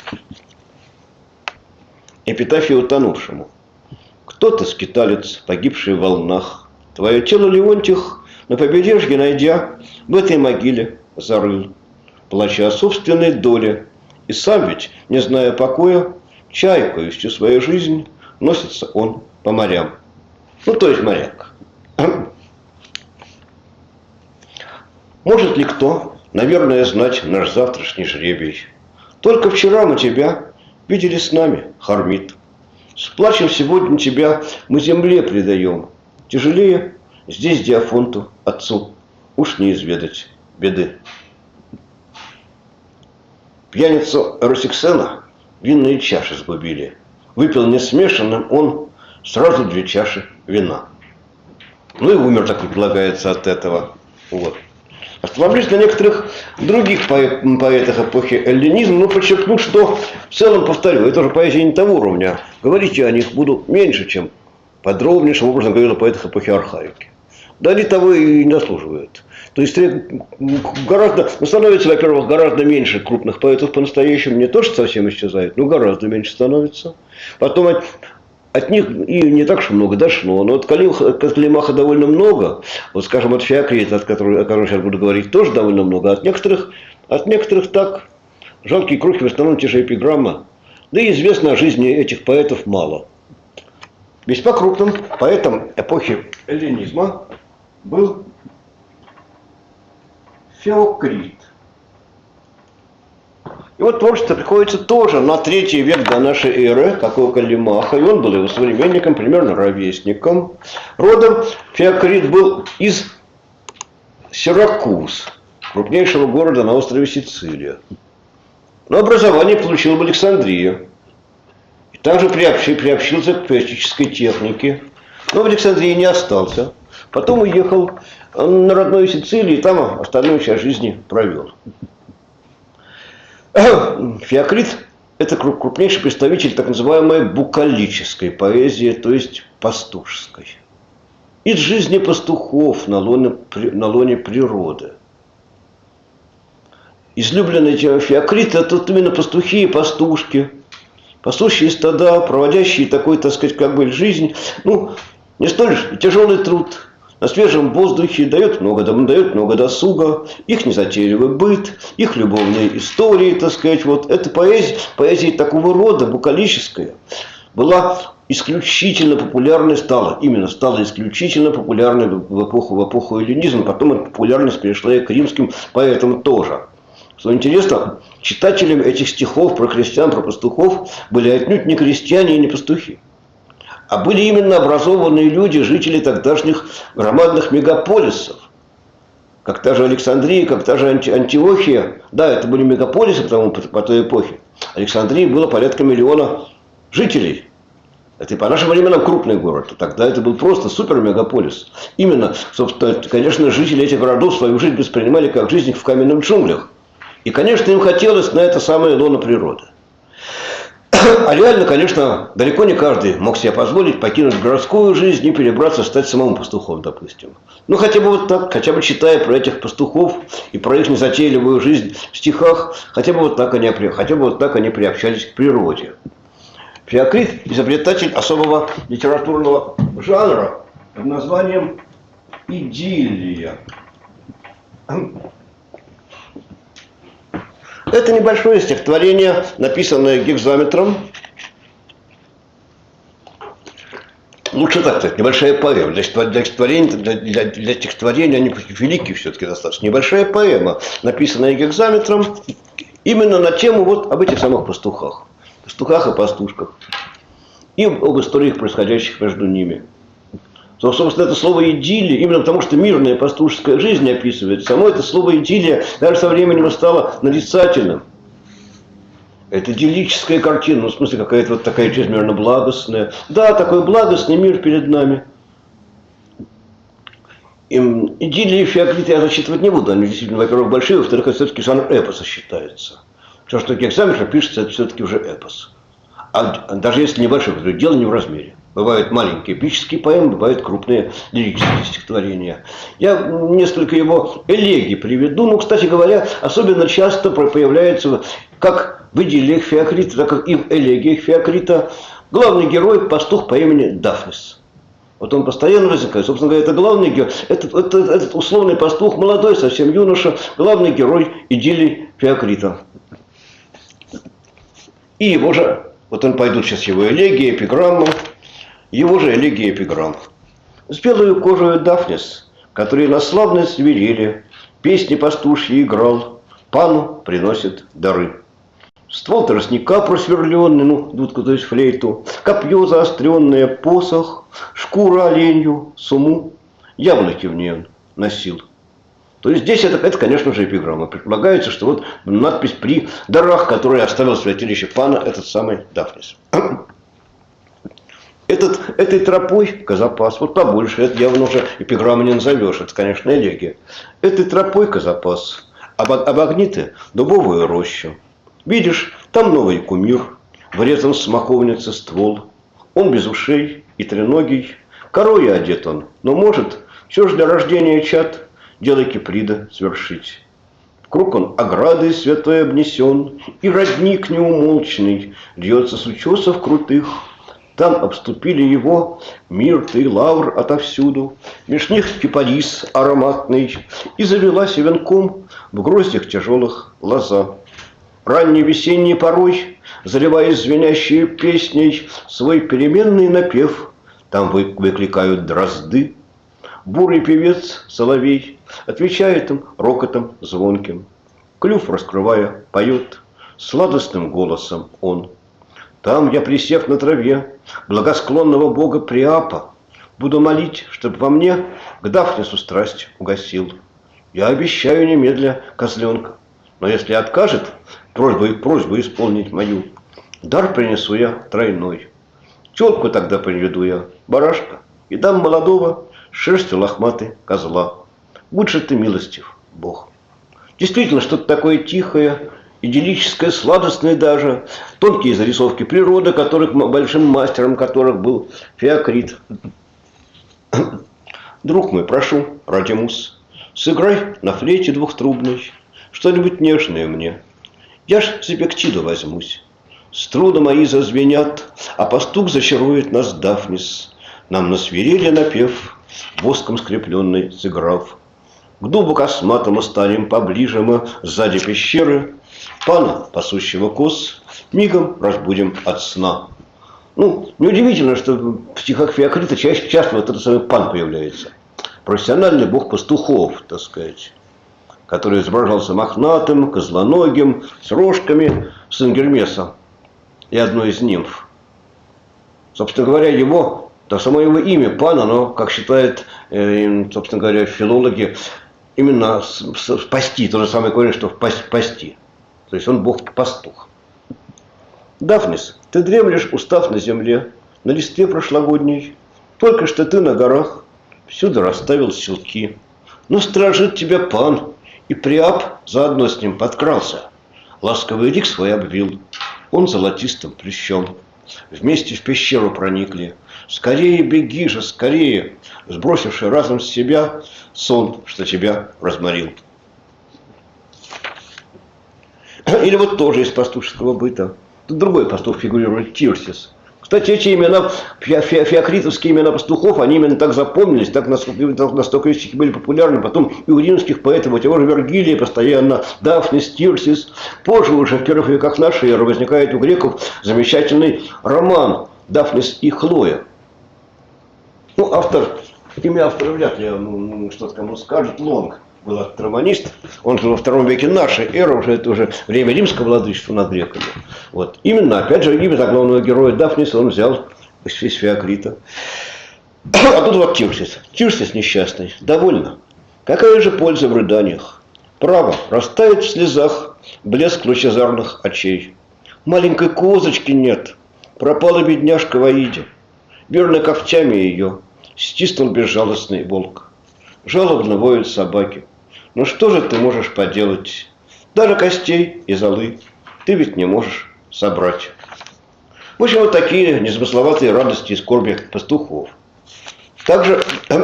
Эпитафия утонувшему. Кто-то скиталец, погибший в волнах. Твое тело, Леонтих, на побережье найдя, в этой могиле зарыл, плача о собственной доле. И сам ведь, не зная покоя, чайкою всю свою жизнь носится он по морям. Ну, то есть моряк. Может ли кто, наверное, знать наш завтрашний жребий? Только вчера мы тебя видели с нами, Хармит. С плачем сегодня тебя мы земле предаем. Тяжелее здесь Диафонту, отцу, уж не изведать беды. Пьяницу Росиксена винные чаши сгубили. Выпил несмешанным он сразу 2 чаши вина. Ну и умер, так и предлагается, от этого. Вот. Остановлюсь на некоторых других поэтах эпохи эллинизма, но подчеркну, что в целом, повторю, это уже поэзия не того уровня. Говорить я о них буду меньше, чем подробнейшим образом говорил о поэтах эпохи архаики. Да они того и не заслуживают. То есть гораздо, становится, во-первых, гораздо меньше крупных поэтов по-настоящему, не то, что совсем исчезает, но гораздо меньше становится. Потом от них и не так уж много дошло. Но от Калимаха довольно много. Вот, скажем, от Феокрита, о котором сейчас буду говорить, тоже довольно много. От некоторых так. Жалкие крохи, в основном те же эпиграммы. Да и известно о жизни этих поэтов мало. Весьма крупным поэтом эпохи эллинизма был Феокрит. И вот творчество приходится тоже на 3 век до нашей эры, как у Калимаха, и он был его современником, примерно ровесником. Родом Феокрит был из Сиракуз, крупнейшего города на острове Сицилия. Но образование получил в Александрии. И также приобщился к поэтической технике. Но в Александрии не остался. Потом уехал на родную Сицилию и там остальную часть жизни провел. Феокрит – это крупнейший представитель так называемой букалической поэзии, то есть пастушеской. Из жизни пастухов на лоне природы. Излюбленный Феокрит – это именно пастухи и пастушки. Пастушьи стада, проводящие такой, так сказать, как бы жизнь, не столь тяжелый труд. На свежем воздухе дает много досуга, их незатейливый быт, их любовные истории, так сказать. Вот эта поэзия такого рода, букалическая, была исключительно популярной, стала исключительно популярной в эпоху эллинизма, потом эта популярность перешла и к римским поэтам тоже. Что интересно, читателями этих стихов про крестьян, про пастухов были отнюдь не крестьяне и не пастухи. А были именно образованные люди, жители тогдашних громадных мегаполисов. Как та же Александрия, как та же Антиохия. Да, это были мегаполисы по той эпохе. Александрии было порядка 1 миллиона жителей. Это и по нашим временам крупный город. Тогда это был просто супер-мегаполис. Именно, собственно, конечно, жители этих городов свою жизнь воспринимали как жизнь в каменных джунглях. И, конечно, им хотелось на это самое лоно природы. А реально, конечно, далеко не каждый мог себе позволить покинуть городскую жизнь и перебраться, стать самому пастухом, допустим. Ну, хотя бы вот так, хотя бы читая про этих пастухов и про их незатейливую жизнь в стихах, хотя бы вот так они приобщались к природе. Феокрит – изобретатель особого литературного жанра под названием идиллия. Это небольшое стихотворение, написанное гекзаметром. Лучше так сказать, небольшая поэма. Для стихотворения они великие все-таки достаточно. Небольшая поэма, написанная гекзаметром, именно на тему вот об этих самых пастухах. Пастухах и пастушках. И об историях, происходящих между ними. Собственно, это слово «идиллия», именно потому что мирная пастушеская жизнь описывает, само это слово «идиллия» даже со временем стало нарицательным. Это идиллическая картина, в смысле какая-то вот такая чрезмерно благостная. Да, такой благостный мир перед нами. Идиллии и Феоклита я зачитывать не буду. Они действительно, во-первых, большие, во-вторых, это все-таки жанр эпоса считается. Все, что Гексаметр пишется, это все-таки уже эпос. А даже если небольшой, то дело не в размере. Бывают маленькие эпические поэмы, бывают крупные лирические стихотворения. Я несколько его элегий приведу. Ну, кстати говоря, особенно часто появляется, как в идиллиях Феокрита, так как и в элегиях Феокрита, главный герой – пастух по имени Дафнис. Вот он постоянно возникает. Собственно говоря, это главный герой, этот условный пастух, молодой, совсем юноша, главный герой идиллии Феокрита. И его же, вот он пойдут сейчас его элегии, эпиграммы, его же элегии, эпиграмм. С белою кожей Дафнис, который на славной свирели, песни пастушьи играл, пану приносит дары. Ствол тростника просверленный, ну, дудку, то есть флейту, копье заостренное, посох, шкура оленью, суму, яблоки в ней он носил. То есть здесь это, конечно же, эпиграмма. Предполагается, что вот надпись при дарах, которые оставил в святилище пана этот самый Дафнис. Этой тропой Козапас, вот побольше, это явно уже эпиграмма не назовешь, это, конечно, элегия. Этой тропой Козапас обогни дубовую рощу. Видишь, там новый кумир, врезан в смоковнице ствол. Он без ушей и треногий, корой одет он, но может все же для рождения чад дело Киприда свершить. Круг он оградой святой обнесен, и родник неумолчный льется с утесов крутых. Там обступили его мирт и лавр отовсюду, меж них кипарис ароматный, и завелась венком в гроздях тяжелых лоза. Ранней весенней порой, заливаясь звенящей песней, свой переменный напев там выкликают дрозды. Бурый певец соловей отвечает им рокотом звонким. Клюв раскрывая, поет сладостным голосом он. Там я, присев на траве благосклонного бога Приапа, буду молить, чтоб во мне к Дафнису страсть угасил. Я обещаю немедля козленка, но если откажет просьбу исполнить мою, дар принесу я тройной. Тёлку тогда приведу я, барашка, и дам молодого шерстью лохматой козла. Будь же ты милостив, Бог. Действительно, что-то такое тихое, идиллическое, сладостное даже. Тонкие зарисовки природы, большим мастером которых был Феокрит. Друг мой, прошу, Радимус, сыграй на флейте двухтрубной что-нибудь нежное мне. Я ж за Пектиду возьмусь. Струны мои зазвенят, а пастух зачарует нас Дафнис. Нам на свирели напев, воском скрепленный сыграв. К дубу косматому станем поближе мы сзади пещеры. Пана, пасущего коз, мигом разбудим от сна. Ну, неудивительно, что в стихах Феокрита часто вот этот самый пан появляется. Профессиональный бог пастухов, так сказать, который изображался мохнатым, козлоногим, с рожками, сын Гермеса и одной из нимф. Собственно говоря, само его имя Пан, оно, как считают, собственно говоря, филологи, именно спасти, то же самое корень, что пасти. То есть он бог-пастух. Дафнис, ты дремлешь, устав на земле, на листве прошлогодней. Только что ты на горах всюду расставил селки. Но стражит тебя Пан, и Приап заодно с ним подкрался. Ласковый лик свой обвил, он золотистым плющом. Вместе в пещеру проникли. Скорее беги же, скорее, сбросивший разом с себя сон, что тебя разморил. Или вот тоже из пастушеского быта. Тут другой пастух фигурирует, Тирсис. Кстати, эти имена, феокритовские имена пастухов, они именно так запомнились, настолько стихи были популярны. Потом и у римских поэтов, у того же Вергилия постоянно, Дафнис, Тирсис. Позже уже в первых веках нашей эры возникает у греков замечательный роман «Дафнис и Хлоя». Ну, имя автора вряд ли что-то кому скажет, Лонг был романист, он жил во втором веке нашей эры, это уже время римского владычества над греками. Вот. Именно, опять же, имя главного героя Дафниса он взял из Феокрита. А тут вот Тирсис. Тирсис несчастный. Довольно. Какая же польза в рыданиях? Право, растает в слезах блеск лучезарных очей. Маленькой козочки нет. Пропала бедняжка в Аиде. Верно, когтями ее стиснул безжалостный волк. жалобно воют собаки. Ну что же ты можешь поделать? Даже костей и золы ты ведь не можешь собрать. В общем, вот такие незамысловатые радости и скорби пастухов. Также,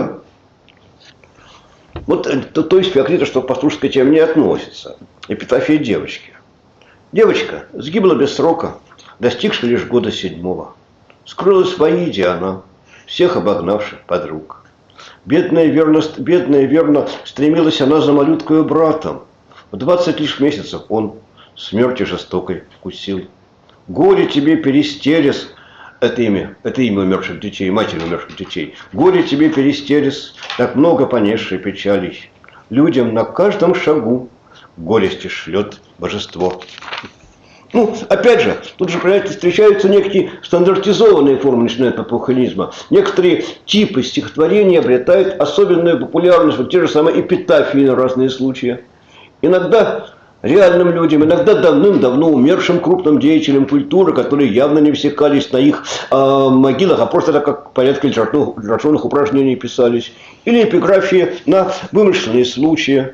вот, то есть Феокрита, что к пастушеской теме не относится. Эпитафия девочки. Девочка сгибла без срока, достигши лишь года 7-го. Скрылась в Аиде она, всех обогнавших подруг. Бедная верно стремилась она за малюткою братом. В 20 лишь месяцев он смерти жестокой вкусил. Горе тебе, Перистерес, это имя умерших детей, матери умерших детей. Горе тебе, Перистерес, так много понесшей печалей. Людям на каждом шагу горести шлет божество. Ну, опять же, тут же, понимаете, встречаются некие стандартизованные формы начинают эпохализма. Некоторые типы стихотворений обретают особенную популярность, вот те же самые эпитафии на разные случаи. Иногда реальным людям, иногда давным-давно умершим крупным деятелям культуры, которые явно не всекались на их могилах, а просто так как порядка литературных упражнений писались. Или эпиграфии на вымышленные случаи.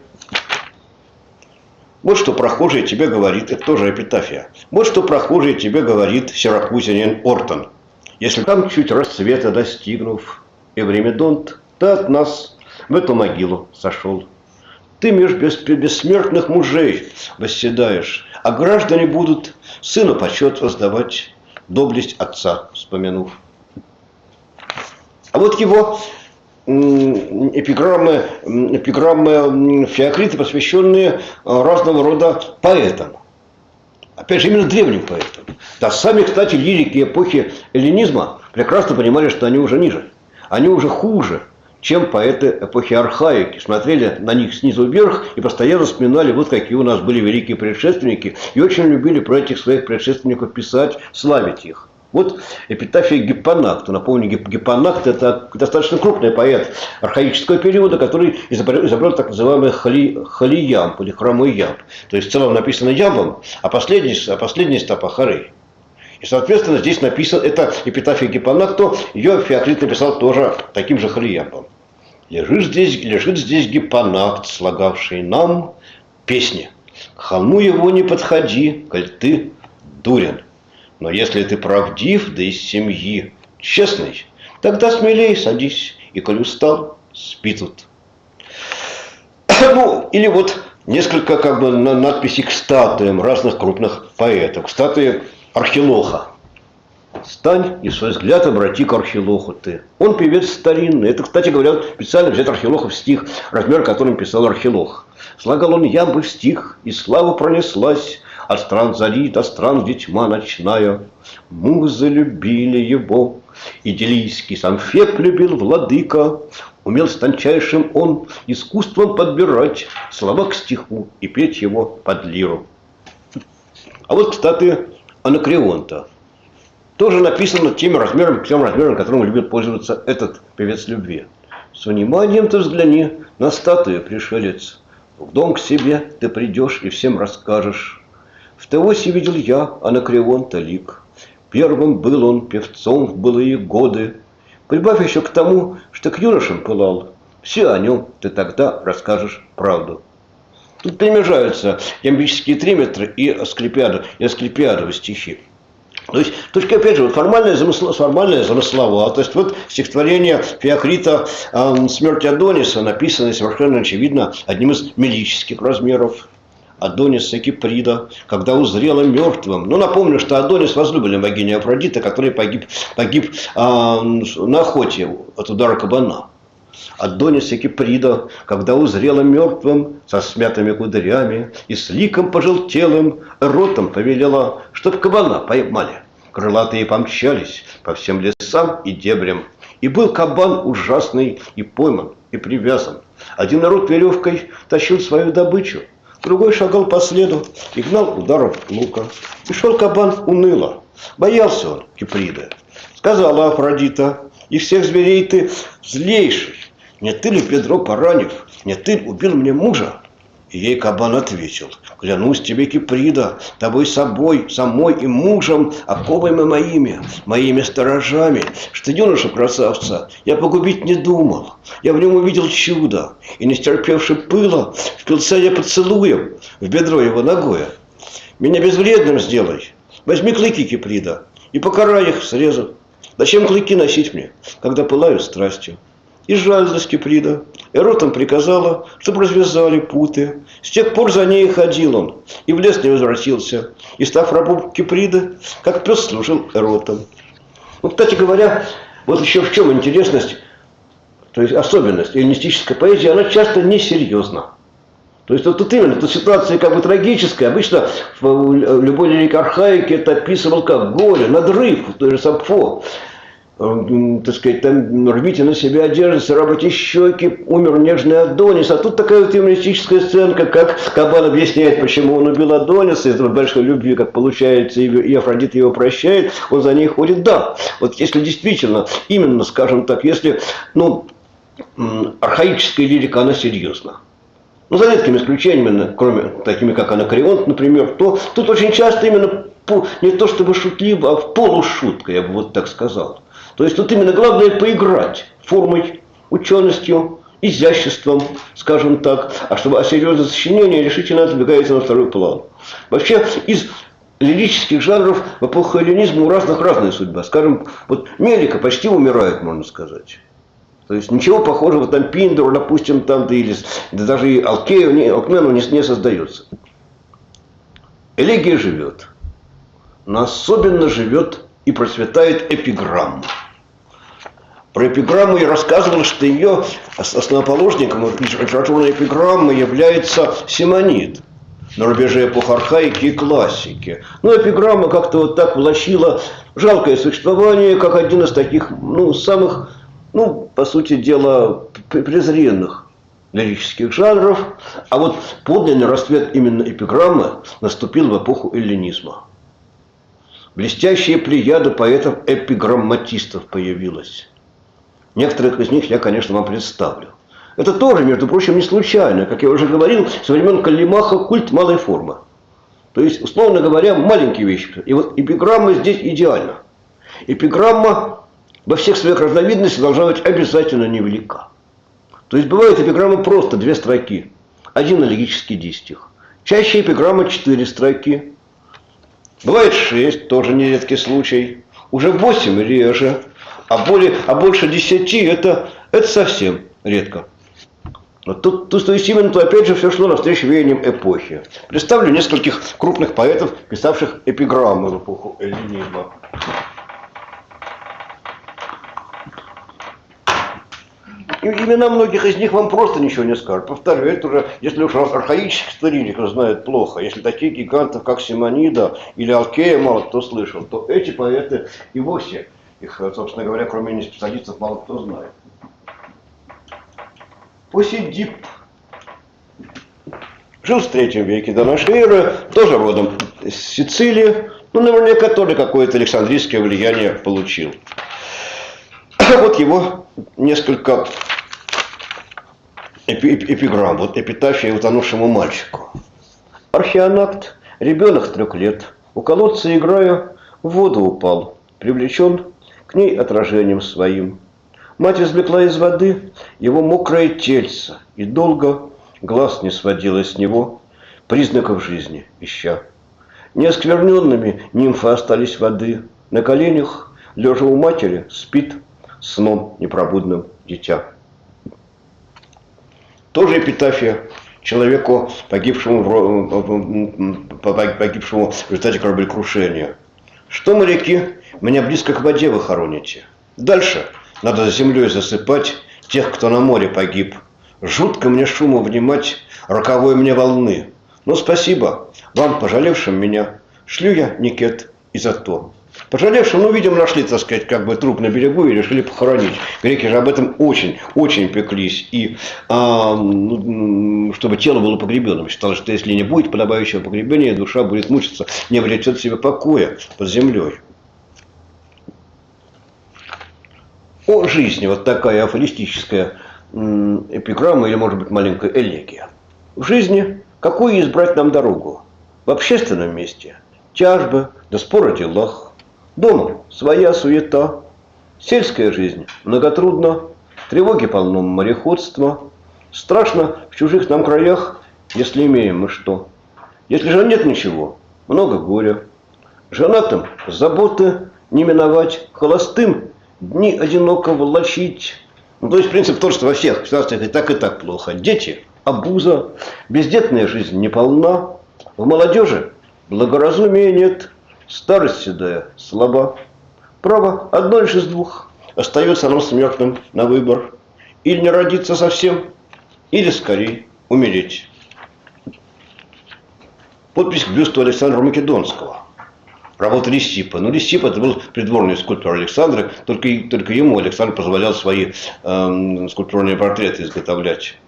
Вот что прохожий тебе говорит, это тоже эпитафия. Вот что прохожий тебе говорит сиракузянин Ортон. Если там чуть расцвета достигнув, Эвримедонт, ты от нас в эту могилу сошел. Ты меж бессмертных мужей восседаешь, а граждане будут сыну почет воздавать, доблесть отца вспомянув. А вот его эпиграммы Феокрита, посвященные разного рода поэтам. Опять же, именно древним поэтам. Да, сами, кстати, лирики эпохи эллинизма прекрасно понимали, что они уже ниже. Они уже хуже, чем поэты эпохи архаики. Смотрели на них снизу вверх и постоянно вспоминали, вот какие у нас были великие предшественники. И очень любили про этих своих предшественников писать, славить их. Вот эпитафия Гиппонакта. Напомню, Гиппонакт – это достаточно крупный поэт архаического периода, который изобрел так называемый холиямб или хромой ямб. То есть в целом написано ямбом, а последний стопа хорей. И, соответственно, здесь написано, это эпитафия Гиппонакту, ее Феокрит написал тоже таким же холиямбом. Лежит здесь Гиппонакт, слагавший нам песни. К холму его не подходи, коль ты дурен. Но если ты правдив, да из семьи честный, тогда смелее садись, и коль устал, спи тут. Ну, или вот несколько как бы надписей к статуям разных крупных поэтов. К статуе Архилоха. Стань и свой взгляд обрати к Архилоху ты. Он певец старинный. Это, кстати говоря, специально взять Архилохов стих, размер которым писал Архилох. Слагал он ямбы в стих, и слава пронеслась от стран зари до стран, где тьма ночная. Музы любили его, идиллийский сам Феб любил владыка. Умел с тончайшим он искусством подбирать слова к стиху и петь его под лиру. А вот, кстати, Анакреонта. Тоже написано тем размером, которым любит пользоваться этот певец любви. С вниманием ты взгляни на статую, пришелец. В дом к себе ты придешь и всем расскажешь. В Теосе видел я Анакреонта лик. Первым был он певцом в былые годы. Прибавь еще к тому, что к юношам пылал. Все о нем ты тогда расскажешь правду. Тут перемежаются ямбические триметры и асклепиадовы стихи. То есть, точка, опять же, вот формальная замысловатость. Вот стихотворение Феокрита «Смерть Адониса» написано совершенно очевидно одним из мелических размеров. Адониса Киприда, когда узрела мертвым. Ну, напомню, что Адонис возлюбленный богини Афродиты, который погиб на охоте от удара кабана. Адониса Киприда, когда узрела мертвым, со смятыми кудрями и с ликом пожелтелым, ротом повелела, чтоб кабана поймали. Крылатые помчались по всем лесам и дебрям. И был кабан ужасный и пойман, и привязан. Один народ веревкой тащил свою добычу, другой шагал по следу и гнал ударов лука. И шел кабан уныло. Боялся он Киприда. Сказала Афродита: из всех зверей ты злейший. Не ты ли, Педро, поранив, не ты убил мне мужа? И ей кабан ответил: клянусь тебе, Киприда, тобой собой, самой и мужем, оковами моими сторожами, что юношу-красавца я погубить не думал. Я в нем увидел чудо, и, не стерпевши пыла, впился я поцелуем в бедро его ногое. Меня безвредным сделай, возьми клыки, Киприда, и покарай их, срезав. Зачем клыки носить мне, когда пылаю страстью? И жалилась Киприда, Эротам приказала, чтобы развязали путы. С тех пор за ней ходил он, и в лес не возвратился. И, став рабом Киприды, как пес служил Эротам. Ну, кстати говоря, вот еще в чем интересность, то есть особенность эллинистической поэзии, она часто несерьезна. То есть вот тут именно, тут ситуация как бы трагическая. Обычно в любой лирике архаики это описывал как горе, надрыв, то же Сапфо. Так сказать, там рвите на себя одежду, царапайте щеки, умер нежный Адонис. А тут такая вот юмористическая сценка, как кабан объясняет, почему он убил Адониса, из-за большой любви, как получается, и Афродита его прощает, он за ней ходит. Да, вот если действительно, именно, скажем так, если, ну, архаическая лирика, она серьезна. Ну, за редкими исключениями, кроме такими, как Анакреонт, например, то тут очень часто именно не то чтобы шутливо, а в полушутка, я бы вот так сказал. То есть тут именно главное поиграть формой, ученостью, изяществом, скажем так, а чтобы серьезное сочинение решительно отодвигается на второй план. Вообще из лирических жанров в эпоху эллинизма у разных разная судьба. Скажем, вот Мелика почти умирает, можно сказать. То есть ничего похожего там Пиндору, допустим, там, да, или, да даже и Алкмену не создается. Элегия живет, но особенно живет и процветает эпиграмма. Про эпиграмму я рассказывал, что ее основоположником литературной эпиграммы является Симонид на рубеже эпох архаики и классики. Но эпиграмма как-то вот так влачила жалкое существование, как один из таких, ну, самых, ну, по сути дела, презренных лирических жанров. А вот подлинный расцвет именно эпиграммы наступил в эпоху эллинизма. Блестящая плеяда поэтов-эпиграмматистов появилась. Некоторых из них я, конечно, вам представлю. Это тоже, между прочим, не случайно. Как я уже говорил, со времен Каллимаха культ малой формы. То есть, условно говоря, маленькие вещи. И вот эпиграмма здесь идеальна. Эпиграмма во всех своих разновидностях должна быть обязательно невелика. То есть, бывает эпиграмма просто 2 строки. Один аллегический дистих. Чаще эпиграмма 4 строки. Бывает 6, тоже нередкий случай. Уже 8 реже. А больше 10 это совсем редко. Вот тут, то есть именно, опять же, все шло навстречу веяниям эпохи. Представлю нескольких крупных поэтов, писавших эпиграммы в эпоху эллинизма. И имена многих из них вам просто ничего не скажут. Повторю, это уже, если уж архаических лириков знают плохо, если таких гигантов, как Симонида или Алкея мало кто слышал, то эти поэты и вовсе, их, собственно говоря, кроме не специалистов, мало кто знает. Посидип жил в 3 веке до нашей эры, тоже родом из Сицилии, ну, наверняка тоже какое-то александрийское влияние получил. Вот его несколько эпиграмм, вот эпитафия утонувшему мальчику. Археонакт, ребенок 3 лет, у колодца играя, в воду упал, привлечен к ней отражением своим. Мать извлекла из воды его мокрое тельце, и долго глаз не сводила с него, признаков жизни ища. Неоскверненными нимфы остались воды, на коленях, лежа у матери, спит сном непробудным дитя. Тоже эпитафия человеку, погибшему в результате кораблекрушения. Что, моряки, меня близко к воде вы хороните. Дальше надо за землей засыпать тех, кто на море погиб. Жутко мне шуму внимать, роковой мне волны. Но спасибо вам, пожалевшим меня. Шлю я никет и за то. Пожалевшим, ну, видимо, нашли, так сказать, как бы труп на берегу и решили похоронить. Греки же об этом очень пеклись. И чтобы тело было погребенным. Считалось, что если не будет подобающего погребения, душа будет мучиться, не обретет себе покоя под землей. О жизни вот такая афористическая эпиграмма или, может быть, маленькая элегия. В жизни какую избрать нам дорогу? В общественном месте тяжбы, да споры о делах. Дома своя суета. Сельская жизнь многотрудна. Тревоги полно мореходства. Страшно в чужих нам краях, если имеем мы что. Если же нет ничего, много горя. Женатым заботы не миновать, холостым дни одиноко волочить. Ну, то есть принцип тот, что во всех ситуациях и так плохо. Дети – обуза, бездетная жизнь неполна. В молодежи благоразумия нет, старость седая слаба. Право одно лишь из двух. Остается нам смертным на выбор. Или не родиться совсем, или скорее умереть. Подпись к бюсту Александра Македонского. Работа Лисипа. Ну, Лисип это был придворный скульптор Александра, только ему Александр позволял свои скульптурные портреты изготовлять.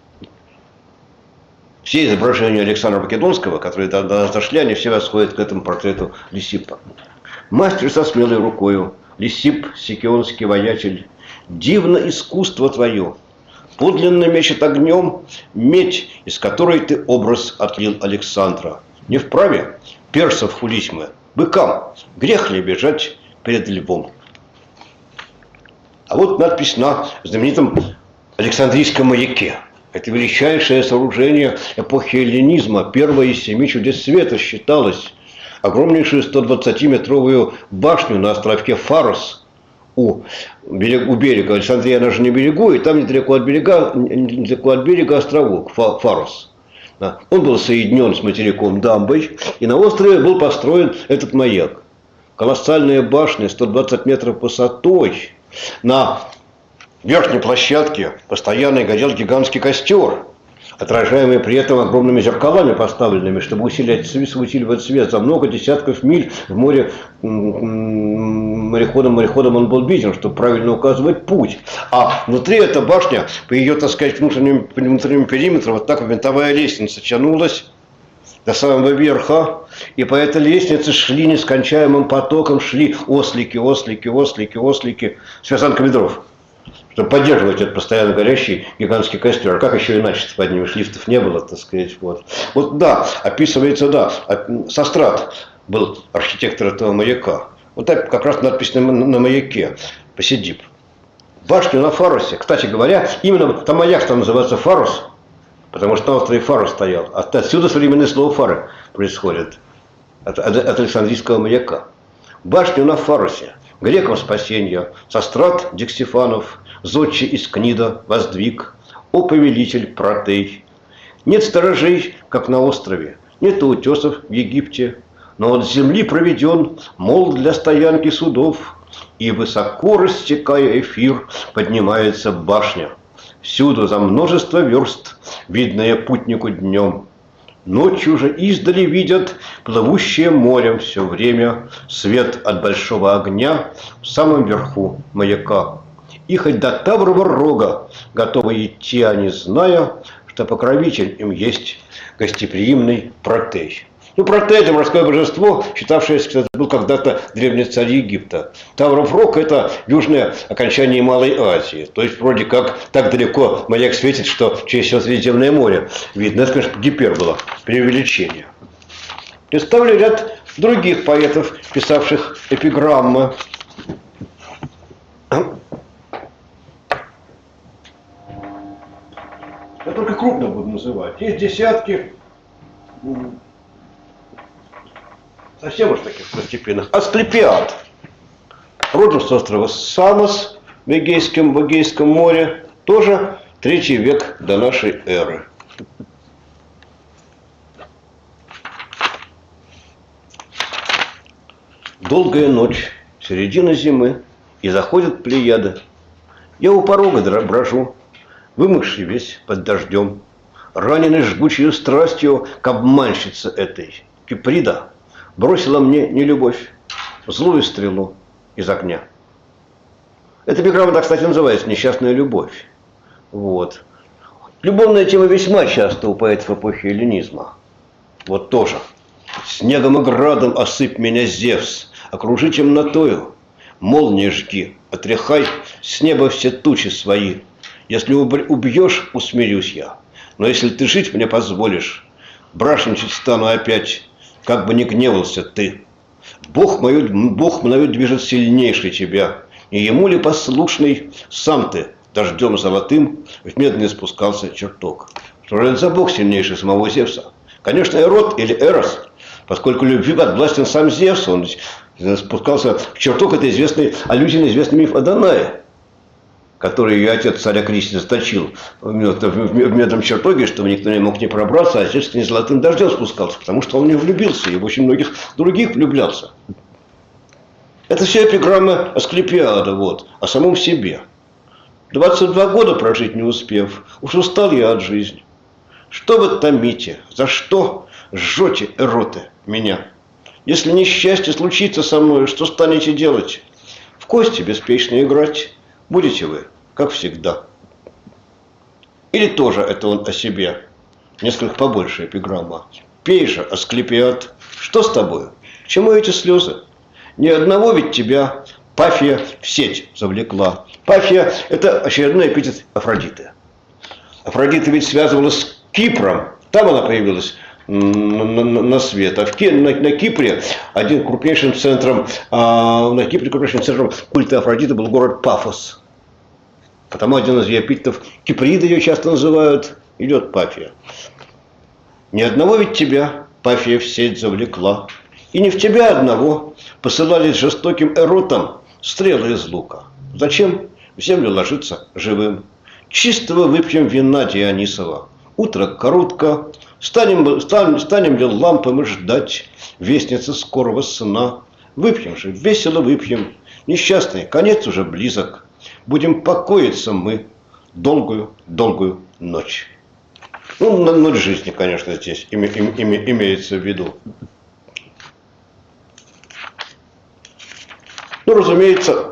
Все изображения Александра Македонского, которые до нас дошли, они все восходят к этому портрету Лисипа. Мастер со смелой рукою, Лисип, сикионский воятель, дивно искусство твое, подлинно мечет огнем медь, из которой ты образ отлил Александра. Не вправе персов хулить мы, быкам, грех ли бежать перед львом. А вот надпись на знаменитом Александрийском маяке. Это величайшее сооружение эпохи эллинизма, первое из 7 чудес света считалось. Огромнейшую 120-метровую башню на островке Фарос у берега. Александрия, она же не берегу, и там недалеко от берега островок Фарос. Он был соединен с материком дамбой, и на острове был построен этот маяк. Колоссальная башня, 120 метров высотой. На верхней площадке постоянно горел гигантский костер, отражаемый при этом огромными зеркалами поставленными, чтобы усиливать свет. За много десятков миль в море мореходом он был виден, чтобы правильно указывать путь. А внутри эта башня, по ее, так сказать, внутреннему периметру, вот так винтовая лестница тянулась до самого верха. И по этой лестнице шли нескончаемым потоком, шли ослики с вязанками дров, чтобы поддерживать этот постоянно горящий гигантский костер. А как еще иначе поднимешь? Лифтов не было, так сказать. Вот да, описывается, да. Сострат был архитектор этого маяка. Вот так как раз надпись на маяке. Посидип. Башню на Фаросе. Кстати говоря, именно там маяк называется Фарос, потому что на острове Фарос стоял. Отсюда современное слово фары происходит. От Александрийского маяка. Башню на Фаросе. Грекам спасенья. Сострат Диксифанов. Зодчий из Книда воздвиг, о повелитель Протей. Нет сторожей, как на острове, нет утесов в Египте, но от земли проведен мол для стоянки судов, и высоко рассекая эфир поднимается башня. Всюду за множество верст, видное путнику днем. Ночью же издали видят плывущее морем все время свет от большого огня в самом верху маяка. И хоть до Таврова рога готовы идти они, зная, что покровитель им есть гостеприимный Протей. Ну, Протей – это морское божество, считавшееся, кстати, был когда-то древний царь Египта. Тавров рог – это южное окончание Малой Азии. То есть, вроде как, так далеко маяк светит, что через все Средиземное море видно. Это, конечно, гипербола, преувеличение. Представлю ряд других поэтов, писавших эпиграммы. Я только крупно буду называть. Есть десятки, совсем уж таких второстепенных. Асклепиад. Родом с острова Самос в Эгейском море. Тоже 3 век до нашей эры. Долгая ночь, середина зимы, и заходят плеяды. Я у порога брожу, вымокший весь под дождем, раненый жгучей страстью к обманщице этой. Киприда бросила мне нелюбовь, злую стрелу из огня. Эта эпиграмма, так, кстати, называется «Несчастная любовь». Вот. Любовная тема весьма часто у поэтов эпохи эллинизма. Вот тоже. «Снегом и градом осыпь меня, Зевс, окружи темнотою, молнии жги, отряхай с неба все тучи свои. Если убьешь, усмирюсь я. Но если ты жить мне позволишь, брашничать стану опять, как бы ни гневался ты. Бог мною движет сильнейший тебя, и ему ли послушный сам ты дождем золотым в медный спускался чертог? Что же это за Бог сильнейший самого Зевса? Конечно, Эрот или Эрос, поскольку любви подвластен сам Зевс, он спускался в чертог, это известный аллюзия на известный миф о Данае, который ее отец царя Крисия заточил в медном чертоге, чтобы никто не мог не пробраться, а Зевс не золотым дождем спускался, потому что он не влюбился и в очень многих других влюблялся. Это все эпиграмма Асклепиада, о самом себе. 22 года прожить не успев, уж устал я от жизни. Что вы томите? За что жжете, эроты, меня? Если несчастье случится со мной, что станете делать? В кости беспечно играть будете вы, как всегда. Или тоже это он о себе? Несколько побольше эпиграмма. Пей же, Асклепиад, что с тобою? К чему эти слезы? Ни одного ведь тебя Пафия в сеть завлекла. Пафия – это очередной эпитет Афродиты. Афродита ведь связывалась с Кипром. Там она появилась на свет. А на Кипре крупнейшим центром культа Афродиты был город Пафос. Потому один из ее эпитетов, Киприды ее часто называют, идет Пафия. Ни одного ведь тебя Пафия в сеть завлекла. И не в тебя одного посылались жестоким эротам стрелы из лука. Зачем в землю ложиться живым? Чистого выпьем вина Дионисова. Утро коротко, станем ли лампы мы ждать вестницы скорого сна? Выпьем же, весело выпьем, несчастный, конец уже близок. Будем покоиться мы долгую ночь. Ночь жизни, конечно, здесь имеется в виду. Разумеется,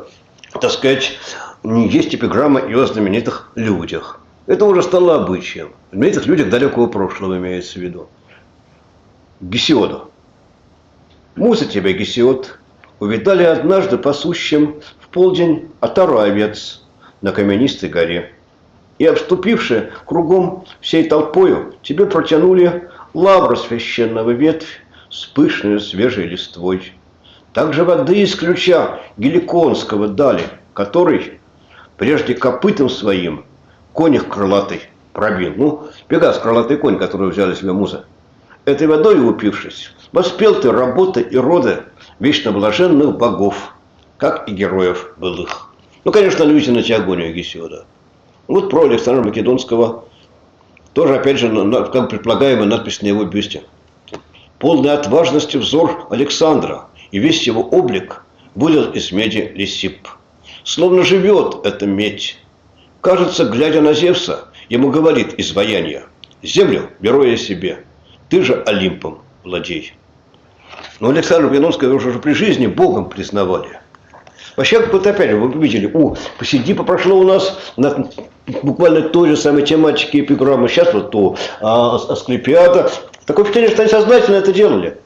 есть эпиграмма и о знаменитых людях. Это уже стало обычаем. В знаменитых людях далекого прошлого имеется в виду. Гесиода. Муза тебя, Гесиод, увидали однажды пасущим в полдень отару овец на каменистой горе. И, обступивши кругом всей толпою, тебе протянули лавру священного ветвь с пышной свежей листвой. Также воды из ключа Геликонского дали, который прежде копытом своим конях крылатый пробил. Пегас, крылатый конь, который взяли себе музы. Этой водой упившись, воспел ты работы и роды вечно блаженных богов, как и героев былых. Конечно, аллюзия на Теогонию Гесиода. Про Александра Македонского тоже, опять же, как предполагаемая надпись на его бюсте. Полный отважности взор Александра, и весь его облик вылил из меди Лисип. Словно живет эта медь. Кажется, глядя на Зевса, ему говорит изваяние: землю беру я себе, ты же Олимпом владей. Но Александра Македонского уже при жизни Богом признавали. Вообще, опять же, вы видели, посиди прошло у нас буквально той же самой тематики эпиграммы. Сейчас то Асклепиада. Такое впечатление, что они сознательно это делали.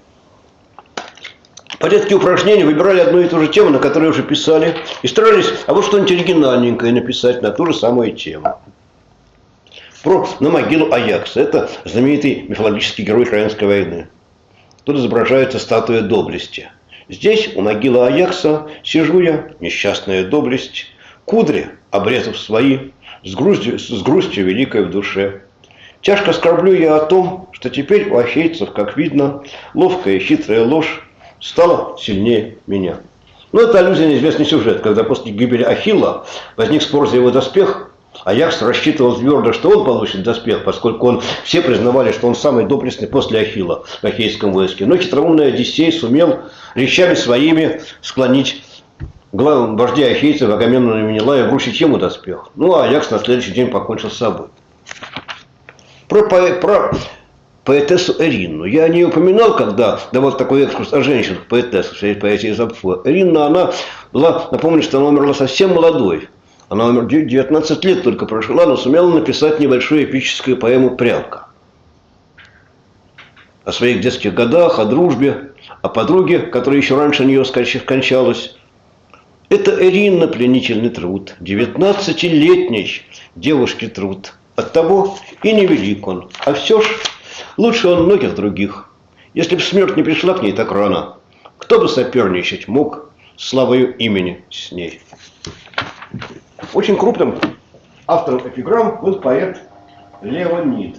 В порядке упражнений выбирали одну и ту же тему, на которой уже писали, и старались, что-нибудь оригинальненькое написать на ту же самую тему. На могилу Аякса. Это знаменитый мифологический герой Троянской войны. Тут изображается статуя доблести. Здесь, у могилы Аякса, сижу я, несчастная доблесть, кудри, обрезав свои, с грустью великой в душе. Тяжко скорблю я о том, что теперь у ахейцев, как видно, ловкая и хитрая ложь стала сильнее меня. Это аллюзия на известный сюжет, когда после гибели Ахилла возник спор за его доспех. Аякс рассчитывал твердо, что он получит доспех, поскольку все признавали, что он самый доблестный после Ахилла в ахейском войске. Но хитроумный Одиссей сумел речами своими склонить вождя ахейцев Агамемнона и Менелая вручить ему доспех. А Аякс на следующий день покончил с собой. Про поэтессу Эринну. Я не упоминал, когда давал такой экскурс о женщинах, поэтессах, в поэзии Запфо. Эринна, она была, напомню, что она умерла совсем молодой. Она умерла 19 лет только прожила, но сумела написать небольшую эпическую поэму «Прялка». О своих детских годах, о дружбе, о подруге, которая еще раньше нее скончалась. Это Эринна пленительный труд, 19-летней девушки труд. Оттого и невелик он, а все ж лучше он многих других. Если б смерть не пришла к ней так рано, кто бы соперничать мог славою имени с ней? Очень крупным автором эпиграмм был поэт Леонид.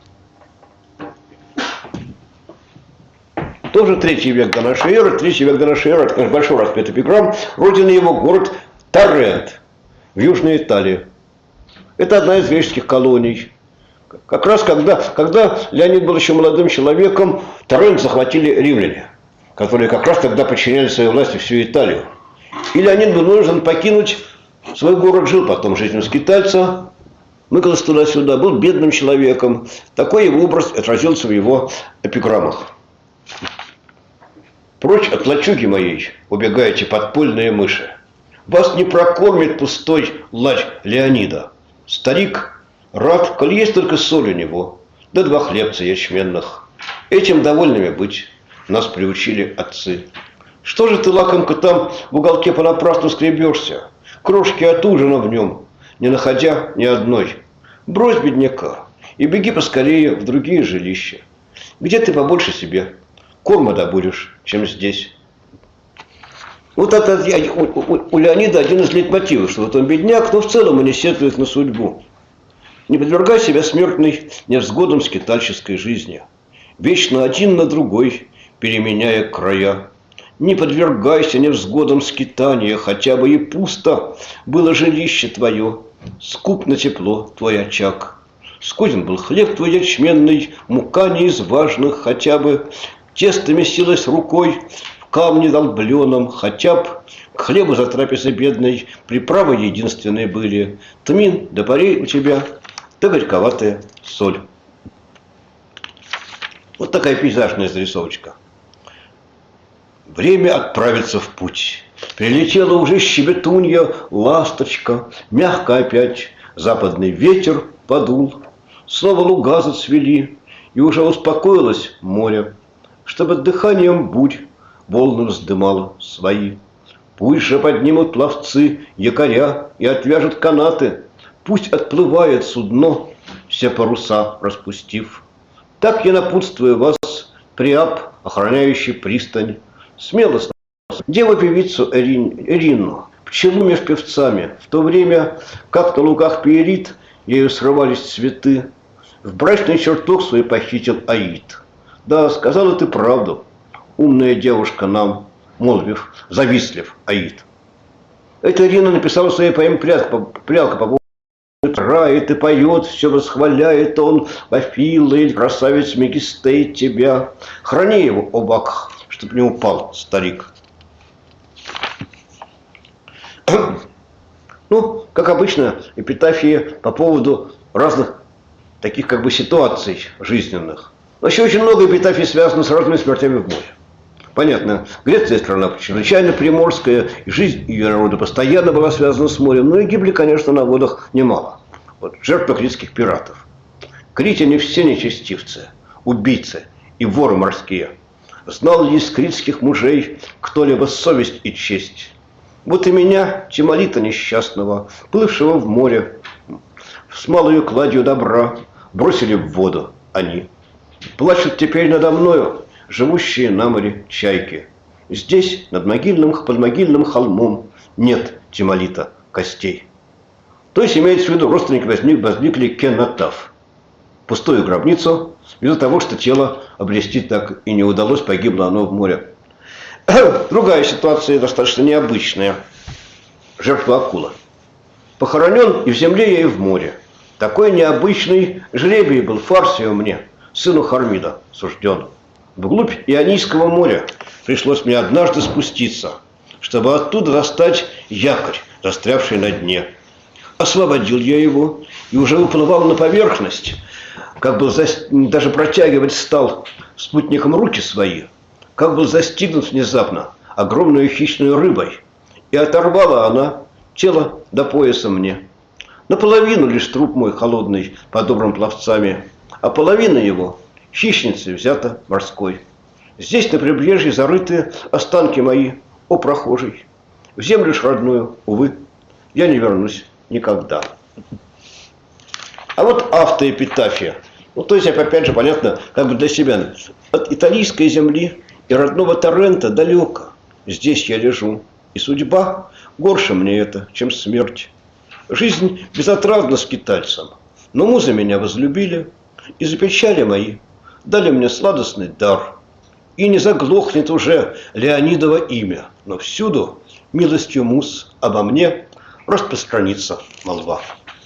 Тоже 3 век до нашей эры. 3 век до нашей эры, это, конечно, большой распят эпиграмм. Родина его город Торрент в Южной Италии. Это одна из греческих колоний. Как раз когда Леонид был еще молодым человеком, Торрент захватили римляне, которые как раз тогда подчиняли своей власти всю Италию. И Леонид был вынужден покинуть свой город, жил потом жизнью скитальца, мыкался туда-сюда, был бедным человеком. Такой его образ отразился в его эпиграммах. Прочь от лачуги моей убегаете подпольные мыши. Вас не прокормит пустой лач Леонида. Старик рад, коль есть только соль у него, да 2 хлебца ячменных. Этим довольными быть нас приучили отцы. Что же ты, лакомка, там в уголке понапрасну скребешься? Крошки от ужина в нем, не находя ни одной. Брось бедняка и беги поскорее в другие жилища, где ты побольше себе корма добудешь, чем здесь. Вот это у Леонида один из лейтмотивов, что вот он бедняк, но в целом он не сетует на судьбу. Не подвергай себя смертной невзгодам скитальческой жизни, вечно один на другой, переменяя края. Не подвергайся невзгодам скитания, хотя бы и пусто было жилище твое, скуп на тепло твой очаг. Скуден был хлеб твой ячменный, мука не из важных, хотя бы тесто месилось рукой в камне долбленом, хотя б к хлебу за трапезой бедной приправы единственные были тмин да парей у тебя, да горьковатая соль. Вот такая пейзажная зарисовочка. Время отправиться в путь. Прилетела уже щебетунья, ласточка, мягко опять западный ветер подул. Снова луга зацвели, и уже успокоилось море, чтобы дыханием бурь волны вздымало свои. Пусть же поднимут пловцы якоря и отвяжут канаты, пусть отплывает судно, все паруса распустив. Так я напутствую вас, Приап, охраняющий пристань, смело деву-певицу Эринну, пчелу меж певцами, в то время, как на лугах Пиерит ею срывались цветы, в брачный чертог свой похитил Аид. Да, сказала ты правду, умная девушка нам, молвив, завистлив Аид. Эта Ирина написала в своей поэме «Прялка» по поводу играет и поет, все восхваляет он, Вафила или красавец Мегистей тебя. Храни его, о Бак, чтоб не упал старик. Ну, как обычно, эпитафии по поводу разных таких как бы ситуаций жизненных. Вообще очень много эпитафий связано с разными смертями в море. Понятно, Греция страна чрезвычайно приморская, и жизнь ее народа постоянно была связана с морем, но и гибли, конечно, на водах немало. Вот, жертвы критских пиратов. Критяне все нечестивцы, убийцы и воры морские. Знал ли из критских мужей кто-либо совесть и честь? Вот и меня, Тимолита несчастного, плывшего в море, с малою кладью добра, бросили в воду они. Плачут теперь надо мною живущие на море чайки. Здесь, под могильным холмом, нет Тимолита костей. То есть имеется в виду, родственники возникли кенотаф. Пустую гробницу, из-за того, что тело обрести так и не удалось, погибло оно в море. Другая ситуация достаточно необычная. Жертва акула. Похоронен и в земле, и в море. Такой необычный жребий был Фарсию мне, сыну Хармида, сужден. Вглубь Ионийского моря пришлось мне однажды спуститься, чтобы оттуда достать якорь, застрявший на дне. Освободил я его и уже выплывал на поверхность, как был даже протягивать стал спутником руки свои, как был застигнут внезапно огромную хищную рыбой, и оторвала она тело до пояса мне. Наполовину лишь труп мой холодный, подобран пловцами, а половина его хищницей взята морской. Здесь на прибрежье зарыты останки мои, о прохожий. В землю ж родную, увы, я не вернусь никогда. А вот автоэпитафия. Ну, то есть, опять же, понятно, как бы для себя. От итальянской земли и родного Торрента далеко. Здесь я лежу. И судьба горше мне это, чем смерть. Жизнь безотрадна скитальцам. Но музы меня возлюбили. И за печали мои дали мне сладостный дар. И не заглохнет уже Леонидово имя. Но всюду милостью муз обо мне распространится молва.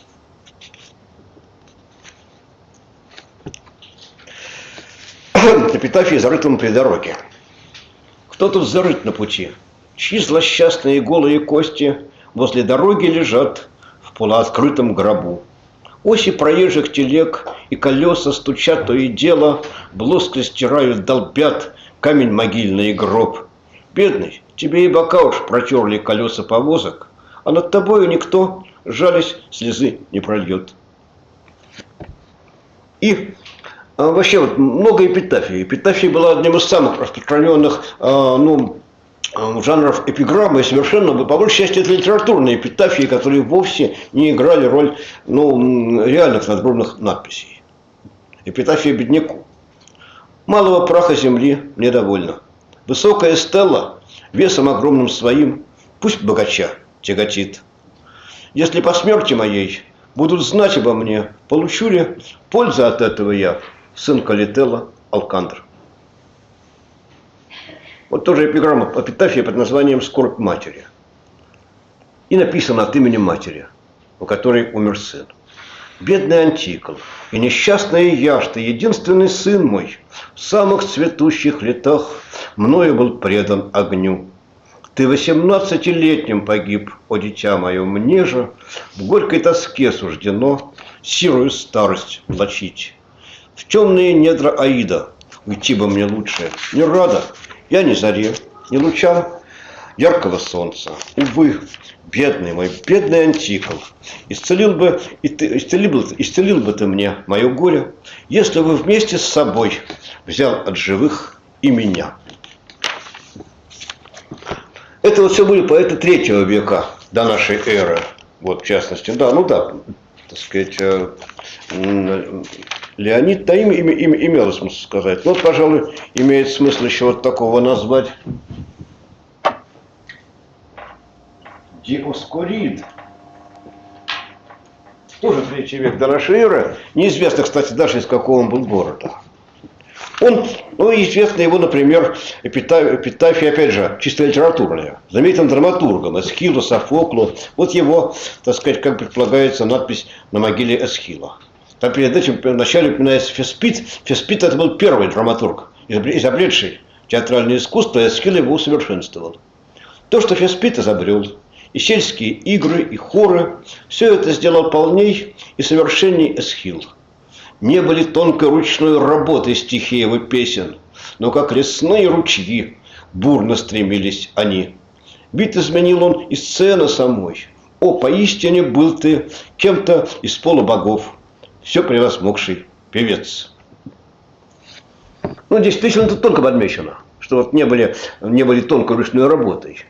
Эпитафия зарытым при дороге. Кто-то зарыт на пути, чьи злосчастные голые кости возле дороги лежат в полуоткрытом гробу. Оси проезжих телег и колеса стучат то и дело, блоско стирают, долбят камень могильный и гроб. Бедный, тебе и бока уж протерли колеса повозок, а над тобою никто, жались, слезы не прольет. И вообще вот много эпитафий. Эпитафия была одним из самых распространенных жанров эпиграммы, и совершенно, по большей части, это литературные эпитафии, которые вовсе не играли роль реальных надгробных надписей. Эпитафия бедняку. Малого праха земли мне довольно. Высокая стелла, весом огромным своим, пусть богача тяготит. Если по смерти моей будут знать обо мне, получу ли пользу от этого я, сын Калителла Алкандр. Вот тоже эпиграмма, эпитафия под названием «Скорбь матери». И написано от имени матери, у которой умер сын. Бедный Антикл и несчастная Яшта, единственный сын мой, в самых цветущих летах мною был предан огню. Ты 18-летним погиб, о дитя мое, мне же в горькой тоске суждено сирую старость влачить. В темные недра Аида уйти бы мне лучше. Не рада я ни заре, ни лучам яркого солнца. Увы, бедный мой, бедный Антикл, исцелил бы ты мне мое горе, если бы вместе с собой взял от живых и меня. Это вот все были поэты 3 века до нашей эры. Вот, в частности, так сказать, Леонид, да, имело смысл сказать. Вот, пожалуй, имеет смысл еще вот такого назвать. Диоскорид. Тоже 3 век до нашей эры. Неизвестно, кстати, даже из какого он был города. Известна его, например, эпитафия, опять же, чисто литературная. Знаменитым драматургом Эсхилу, Софоклу. Вот его, так сказать, как предполагается, надпись на могиле Эсхила. Там перед этим вначале упоминается Феспит. Феспит это был первый драматург, изобретший театральное искусство, и Эсхил его усовершенствовал. То, что Феспит изобрел, и сельские игры, и хоры, все это сделал полней и совершенней Эсхил. Не были тонкой ручной работы стихиевы песен, но как лесные ручьи бурно стремились они. Бит изменил он и сцены самой. О, поистине был ты кем-то из полубогов, все превозмогший певец. Действительно, тут тонко подмечено, что вот не были тонкой ручной работой.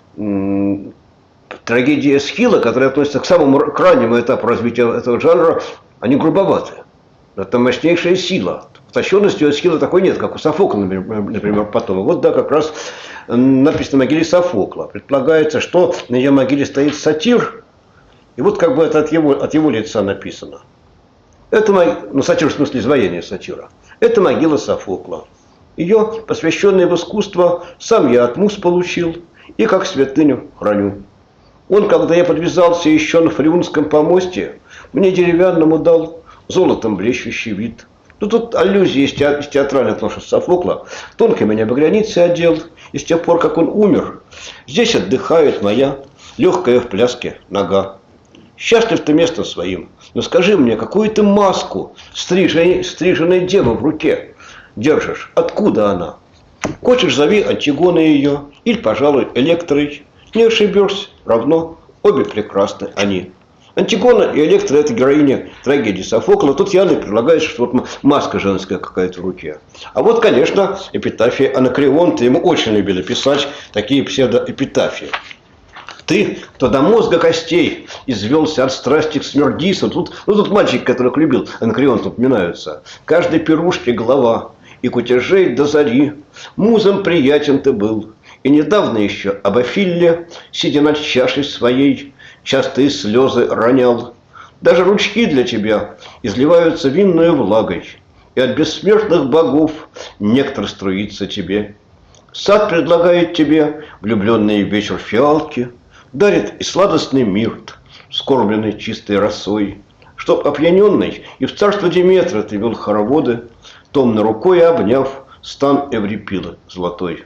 Трагедии Эсхила, которые относятся к самому крайнему этапу развития этого жанра, они грубоваты. Это мощнейшая сила. Утонченности у Эсхила такой нет, как у Софокла, например, потом. Вот да, как раз написано на могиле Софокла. Предполагается, что на ее могиле стоит сатир, и вот как бы это от его лица написано. Это, сатир в смысле изваяния сатира. Это могила Софокла. Ее, посвященное в искусство, сам я от муз получил и как святыню храню. Он, когда я подвязался еще на Фреунском помосте, мне деревянному дал золотом блещущий вид. Тут аллюзии из театральных ношек Софокла. Тонко меня багряницей одел, и с тех пор, как он умер, здесь отдыхает моя легкая в пляске нога. Счастлив ты местом своим, но скажи мне, какую ты маску стриженной девы в руке держишь? Откуда она? Хочешь, зови Антигоной ее, или, пожалуй, Электрой. Не ошибешься, равно обе прекрасны они. Антигона и Электра – это героиня трагедии Софокла. Тут явно предлагается, что вот маска женская какая-то в руке. А вот, конечно, эпитафия Анакреонта. Ему очень любили писать такие псевдоэпитафии. Ты, кто до мозга костей извелся от страсти к смердису. Тут мальчик, которых любил, Анакреон упоминаются. Каждой пирушке голова, и кутежей до зари. Музам приятен ты был. И недавно еще об Афилле, сидя над чашей своей, частые слезы ронял. Даже ручки для тебя изливаются винною влагой, и от бессмертных богов нектар струится тебе. Сад предлагает тебе влюбленный вечер фиалки, дарит и сладостный мирт, скормленный чистой росой, чтоб опьяненный и в царство Диметра ты вел хороводы, томно рукой обняв стан Эврипилы золотой.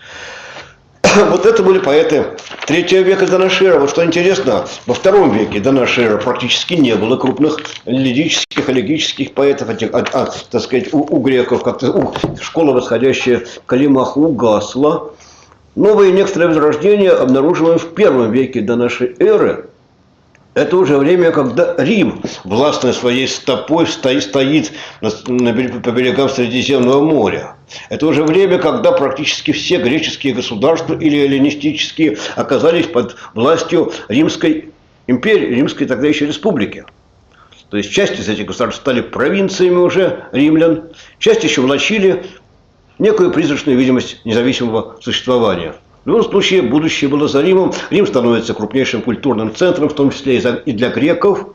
Вот это были поэты 3 века до нашей эры. Вот что интересно, во 2 веке до нашей эры практически не было крупных лирических, элегических поэтов, так сказать, у греков как-то школа, восходящая к Калимаху, угасла. Новые некоторые возрождения обнаруживаем в 1 веке до нашей эры. Это уже время, когда Рим, властной своей стопой, стоит по берегам Средиземного моря. Это уже время, когда практически все греческие государства или эллинистические оказались под властью Римской империи, Римской тогда еще республики. То есть часть из этих государств стали провинциями уже римлян, часть еще влачили некую призрачную видимость независимого существования. В любом случае, будущее было за Римом. Рим становится крупнейшим культурным центром, в том числе и для греков.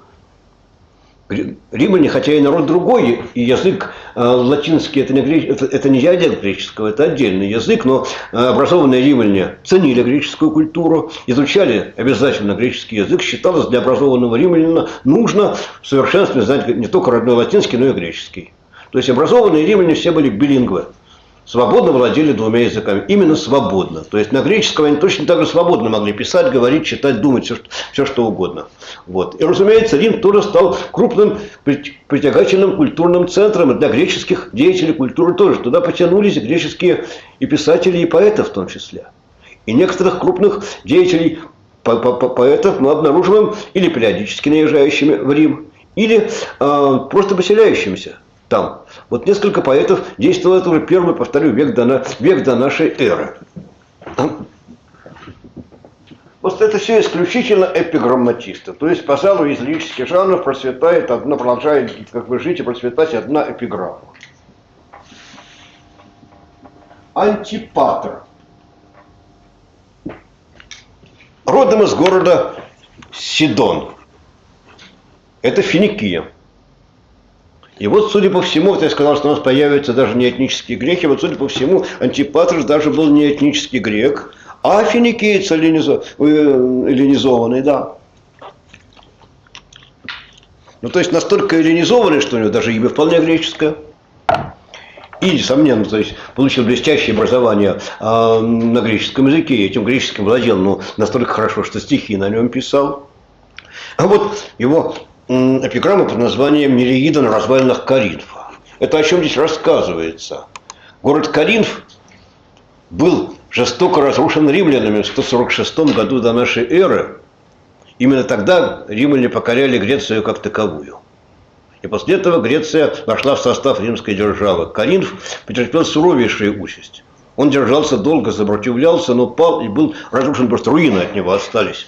Римляне, хотя и народ другой, и язык латинский, это не диалект греческого, это отдельный язык, но образованные римляне ценили греческую культуру, изучали обязательно греческий язык. Считалось, для образованного римлянина нужно в совершенстве знать не только родной латинский, но и греческий. То есть образованные римляне все были билингвы. Свободно владели 2 языками. Именно свободно. То есть на греческом они точно так же свободно могли писать, говорить, читать, думать, все что угодно. Вот. И, разумеется, Рим тоже стал крупным притягательным культурным центром. И для греческих деятелей культуры тоже. Туда потянулись греческие и писатели, и поэты в том числе. И некоторых крупных деятелей поэтов мы обнаруживаем или периодически наезжающими в Рим, или просто поселяющимися там. Вот несколько поэтов действовало, это уже 1, повторю, век до нашей эры. Вот это все исключительно эпиграмматисты. То есть, пожалуй, из лирических жанров продолжает как бы жить и процветать одна эпиграмма. Антипатр. Родом из города Сидон. Это Финикия. И вот, судя по всему, вот я сказал, что у нас появятся даже не этнические греки, вот, судя по всему, Антипатр даже был не этнический грек, а финикиец эллинизованный, да. Ну, то есть, настолько эллинизованный, что у него даже имя вполне греческое. И, несомненно, то есть, получил блестящее образование на греческом языке, и этим греческим владел, но настолько хорошо, что стихи на нем писал. А вот его эпиграмма под названием «Нереида на развалинах Коринфа». Это о чем здесь рассказывается? Город Коринф был жестоко разрушен римлянами в 146 году до нашей эры. Именно тогда римляне покоряли Грецию как таковую. И после этого Греция вошла в состав римской державы. Коринф потерпел суровейшую участь. Он держался долго, сопротивлялся, но пал и был разрушен, просто руины от него остались.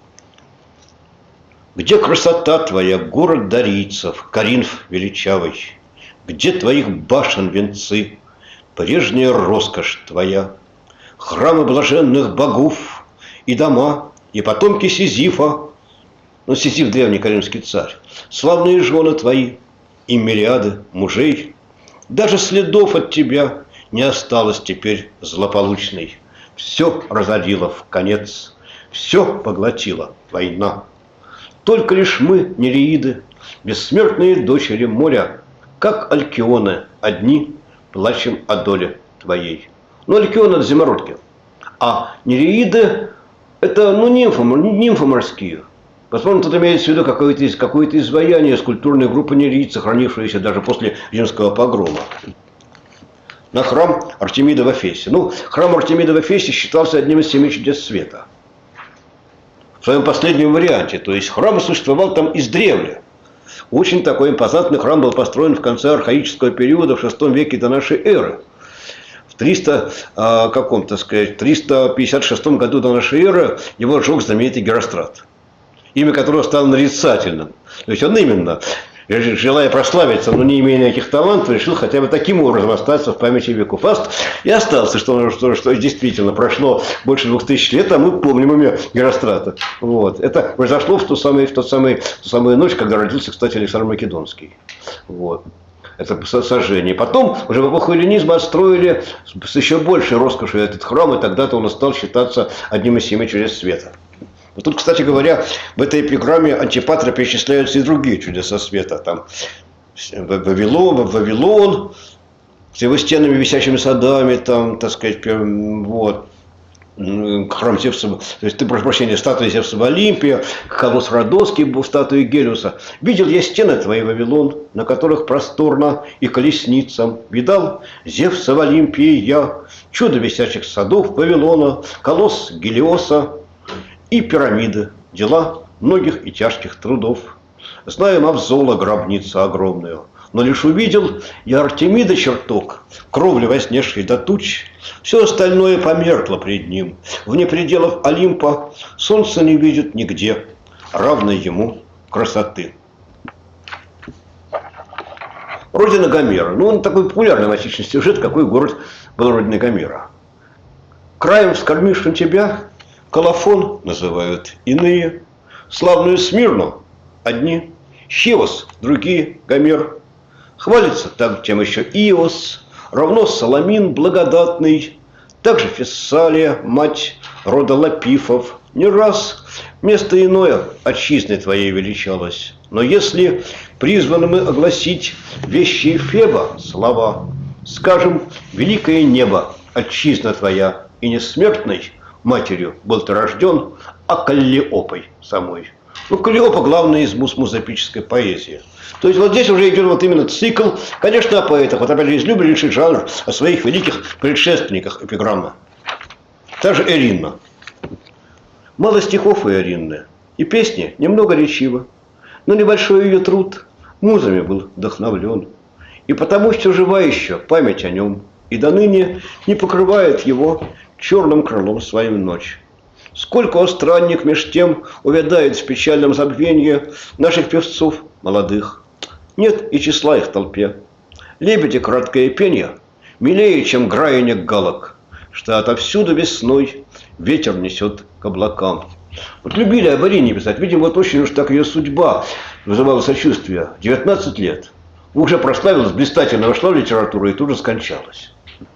Где красота твоя, город дарийцев, Коринф величавый? Где твоих башен венцы, прежняя роскошь твоя? Храмы блаженных богов и дома, и потомки Сизифа, ну, Сизиф древний коринфский царь, славные жены твои и мириады мужей. Даже следов от тебя не осталось теперь злополучной. Все разорило в конец, все поглотила война. Только лишь мы, нереиды, бессмертные дочери моря, как алкионы, одни плачем о доле твоей. Ну, алкионы – это зимородки. А нереиды – это, ну, нимфы морские. Возможно, тут имеется в виду какое-то изваяние скульптурной группы нереид, сохранившееся даже после римского погрома. На храм Артемида в Эфесе. Ну, храм Артемида в Эфесе считался одним из 7 чудес света. В своем последнем варианте. То есть храм существовал там издревле. Очень такой импозантный храм был построен в конце архаического периода в VI веке до нашей эры. В 356 году до нашей эры его сжег знаменитый Герострат, имя которого стало нарицательным. То есть он именно, желая прославиться, но не имея никаких талантов, решил хотя бы таким образом остаться в памяти веков. И остался, что действительно прошло больше 2000 лет, а мы помним имя Герострата. Вот. Это произошло в ту самую ночь, когда родился, кстати, Александр Македонский. Вот. Это сожжение. Потом, уже в эпоху эллинизма, отстроили с еще большей роскошью этот храм, и тогда-то он стал считаться одним из 7 чудес света. Но тут, кстати говоря, в этой эпиграмме Антипатра перечисляются и другие чудеса света. Там Вавилон с его стенами, висящими садами, там, так сказать, вот. Храм Зевса, то есть, ты, прошу прощения, статуя Зевса в Олимпе, колосс Родосский был статуей Гелиуса. Видел я стены твои, Вавилон, на которых просторно и колесницам. Видал Зевса в Олимпии я, чудо висячих садов Вавилона, колосс Гелиоса и пирамиды, дела многих и тяжких трудов. Знаю Мавзола гробницу огромную, но лишь увидел я Артемида чертог, кровли вознесшей до туч. Все остальное померкло пред ним. Вне пределов Олимпа солнце не видит нигде равной ему красоты. Родина Гомера. Ну, он такой популярный в античный сюжет, какой город был родиной Гомера. Краем вскормившим тебя Колофон называют иные, славную Смирну одни, Хивос другие, Гомер. Хвалится там тем еще Иос, равно Саламин благодатный, также Фессалия, мать рода Лапифов, не раз место иное отчизной твоей величалось. Но если призваны мы огласить вещи Феба слова, скажем, великое небо, отчизна твоя, и несмертной матерью был ты рожден, а Каллиопой самой. Ну, Каллиопа главная из музэпической поэзии. То есть вот здесь уже идет вот именно цикл, конечно, о поэтах. Вот опять же, излюбленнейший жанр о своих великих предшественниках эпиграммы. Та же Эринна. Мало стихов у Эринны, и песни немного речива, но небольшой ее труд музами был вдохновлен. И потому все жива еще память о нем, и до ныне не покрывает его черным крылом своим ночь. Сколько, о странник, меж тем увядает в печальном забвении наших певцов молодых. Нет и числа их в толпе. Лебеди краткое пенье милее, чем граяние галок, что отовсюду весной ветер несет к облакам. Вот любили об Арине писать. Видимо, вот очень уж так ее судьба вызывала сочувствие. 19 лет. Уже прославилась, блистательно вошла в литературу и тут же скончалась.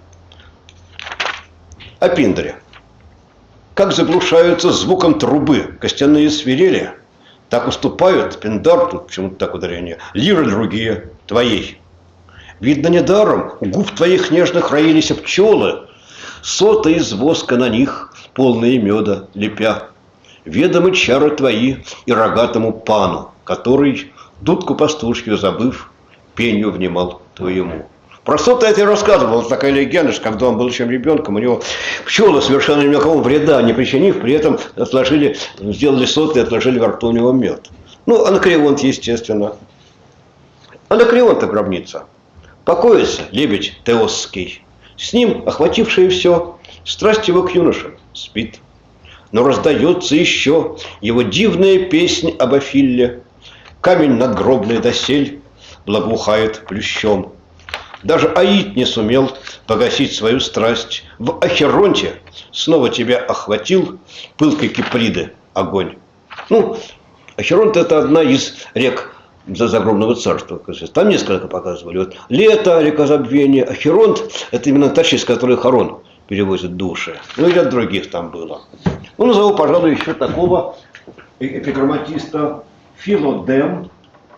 О Пиндоре. Как заглушаются звуком трубы костяные свирели, так уступают Пиндар, тут почему-то так ударение, лиры другие твоей. Видно, недаром у губ твоих нежных роились пчелы, соты из воска на них, полные меда лепя. Ведомы чары твои и рогатому пану, который, дудку пастушью забыв, пенью внимал твоему. Про соты я тебе рассказывал, такая легенда, что когда он был еще ребенком, у него пчелы, совершенно никакого вреда не причинив, при этом сделали соты и отложили во рту у него мед. Ну, Анакреонт, естественно. Анакреонта гробница. Покоится лебедь Теосский. С ним, охватившее все, страсть его к юноше спит. Но раздается еще его дивная песнь об Афилле. Камень надгробный досель благоухает плющом. Даже Аид не сумел погасить свою страсть. В Ахеронте снова тебя охватил пылкой Киприды огонь. Ну, Ахеронт — это одна из рек загробного царства. Там несколько показывали. Вот Лето, река забвения. Ахеронт — это именно та, через которую Харон перевозит души. Ну и ряд других там было. Ну, назову, пожалуй, еще такого эпиграмматиста Филодем.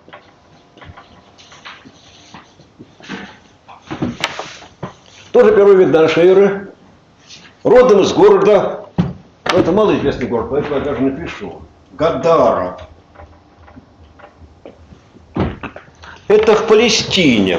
Тоже первый век до нашей эры. Родом из города, ну, это малоизвестный город, поэтому я даже напишу, Гадара. Это в Палестине.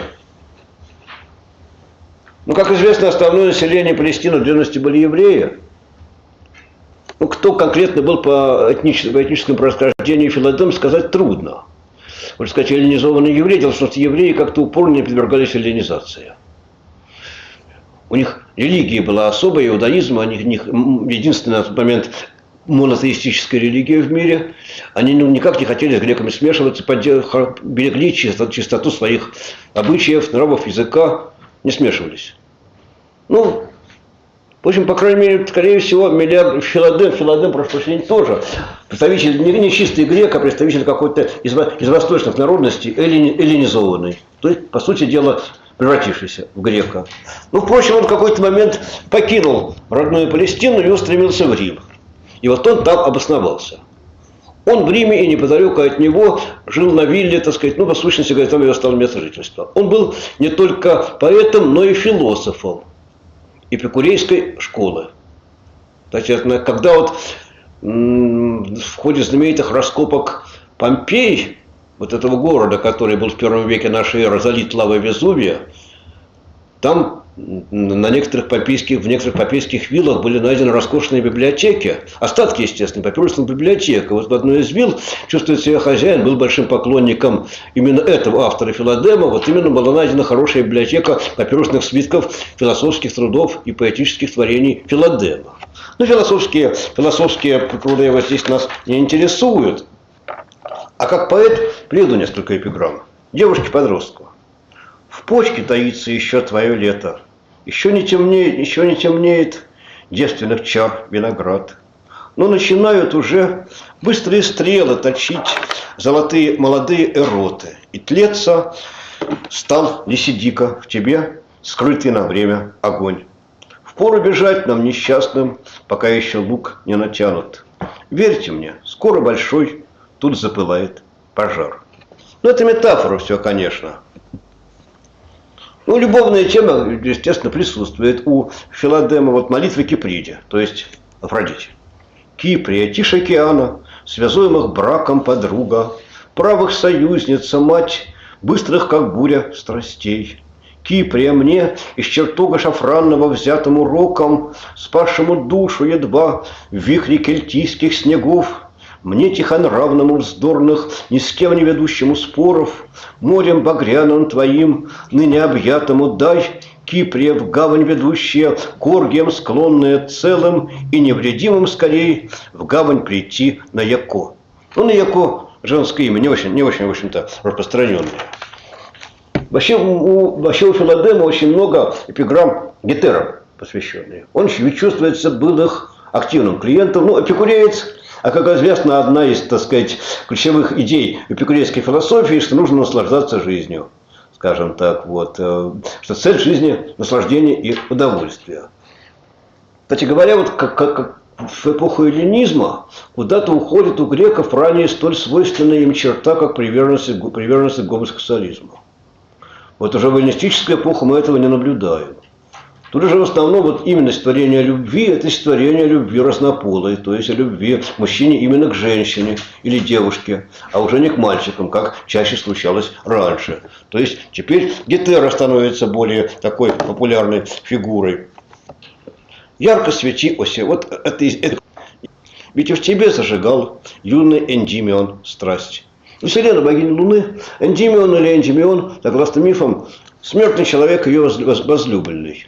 Ну, как известно, основное население Палестины в древности были евреи. Ну, кто конкретно был по этническому происхождению Филодем, сказать трудно. Можно сказать, эллинизованные евреи. Дело в том, что евреи как-то упорно не подвергались эллинизации. У них религия была особая, иудаизм, у них единственный на тот момент монотеистическая религия в мире. Они никак не хотели с греками смешиваться, берегли чистоту своих обычаев, нравов, языка, не смешивались. Ну, в общем, по крайней мере, скорее всего, Филадем, прошу прощения, тоже представитель не чистый грек, а представитель какой-то из восточных народностей, эллинизованный. То есть, по сути дела, превратившийся в грека. Ну, впрочем, он в какой-то момент покинул родную Палестину и устремился в Рим. И вот он там обосновался. Он в Риме и неподалеку от него жил на вилле, так сказать, ну, по сущности, говоря, там его стало место жительства. Он был не только поэтом, но и философом эпикурейской школы. Значит, когда вот в ходе знаменитых раскопок Помпей, вот этого города, который был в первом веке нашей эры залит лавой Везувия, там в некоторых папейских виллах были найдены роскошные библиотеки, остатки, естественно, папирусных библиотек. Вот в одной из вилл, чувствует себя хозяин, был большим поклонником именно этого автора Филадема, вот именно была найдена хорошая библиотека папирусных свитков, философских трудов и поэтических творений Филадема. Ну, философские труды вот здесь нас не интересуют. А как поэт приведу несколько эпиграмм. Девушке-подростку. В почке таится еще твое лето. Еще не темнеет девственных чар виноград. Но начинают уже быстрые стрелы точить золотые молодые эроты. И тлеться стал Лисидика в тебе, скрытый на время огонь. Впору бежать нам несчастным, пока еще лук не натянут. Верьте мне, скоро большой тут запылает пожар. Ну, это метафора все, конечно. Ну, любовная тема, естественно, присутствует у Филадема. Вот молитва Киприде, то есть Афродите. Киприя, тишь океана, связуемых браком подруга, правых союзница, мать, быстрых, как буря, страстей. Киприя мне, из чертога шафранного взятым уроком, спасшему душу едва в вихре кельтийских снегов, мне тихонравному вздорных, ни с кем не ведущему споров, морем багряным твоим, ныне объятому дай, Киприя в гавань ведущая, к оргиям склонная целым и невредимым скорей в гавань прийти на Яко. Ну, на Яко женское имя, не очень, в общем-то, распространенное. Вообще у Филадема очень много эпиграмм Гетерам посвященные. Он чувствуется, был их активным клиентом. Ну, эпикуреец. А как известно, одна из, так сказать, ключевых идей эпикурейской философии, что нужно наслаждаться жизнью, скажем так, вот, что цель жизни – наслаждение и удовольствие. Кстати говоря, вот как в эпоху эллинизма куда-то уходит у греков ранее столь свойственная им черта, как приверженность к гомосексуализму. Вот уже в эллинистическую эпоху мы этого не наблюдаем. Тут же в основном вот именно створение любви – это створение любви разнополой, то есть любви мужчине именно к женщине или девушке, а уже не к мальчикам, как чаще случалось раньше. То есть теперь Гетера становится более такой популярной фигурой. Ярко свети, Оси, вот это ведь и в тебе зажигал юный Эндимион страсть. У Селена, богини Луны, Эндимион или Эндимион, согласно мифам, смертный человек ее возлюбленный.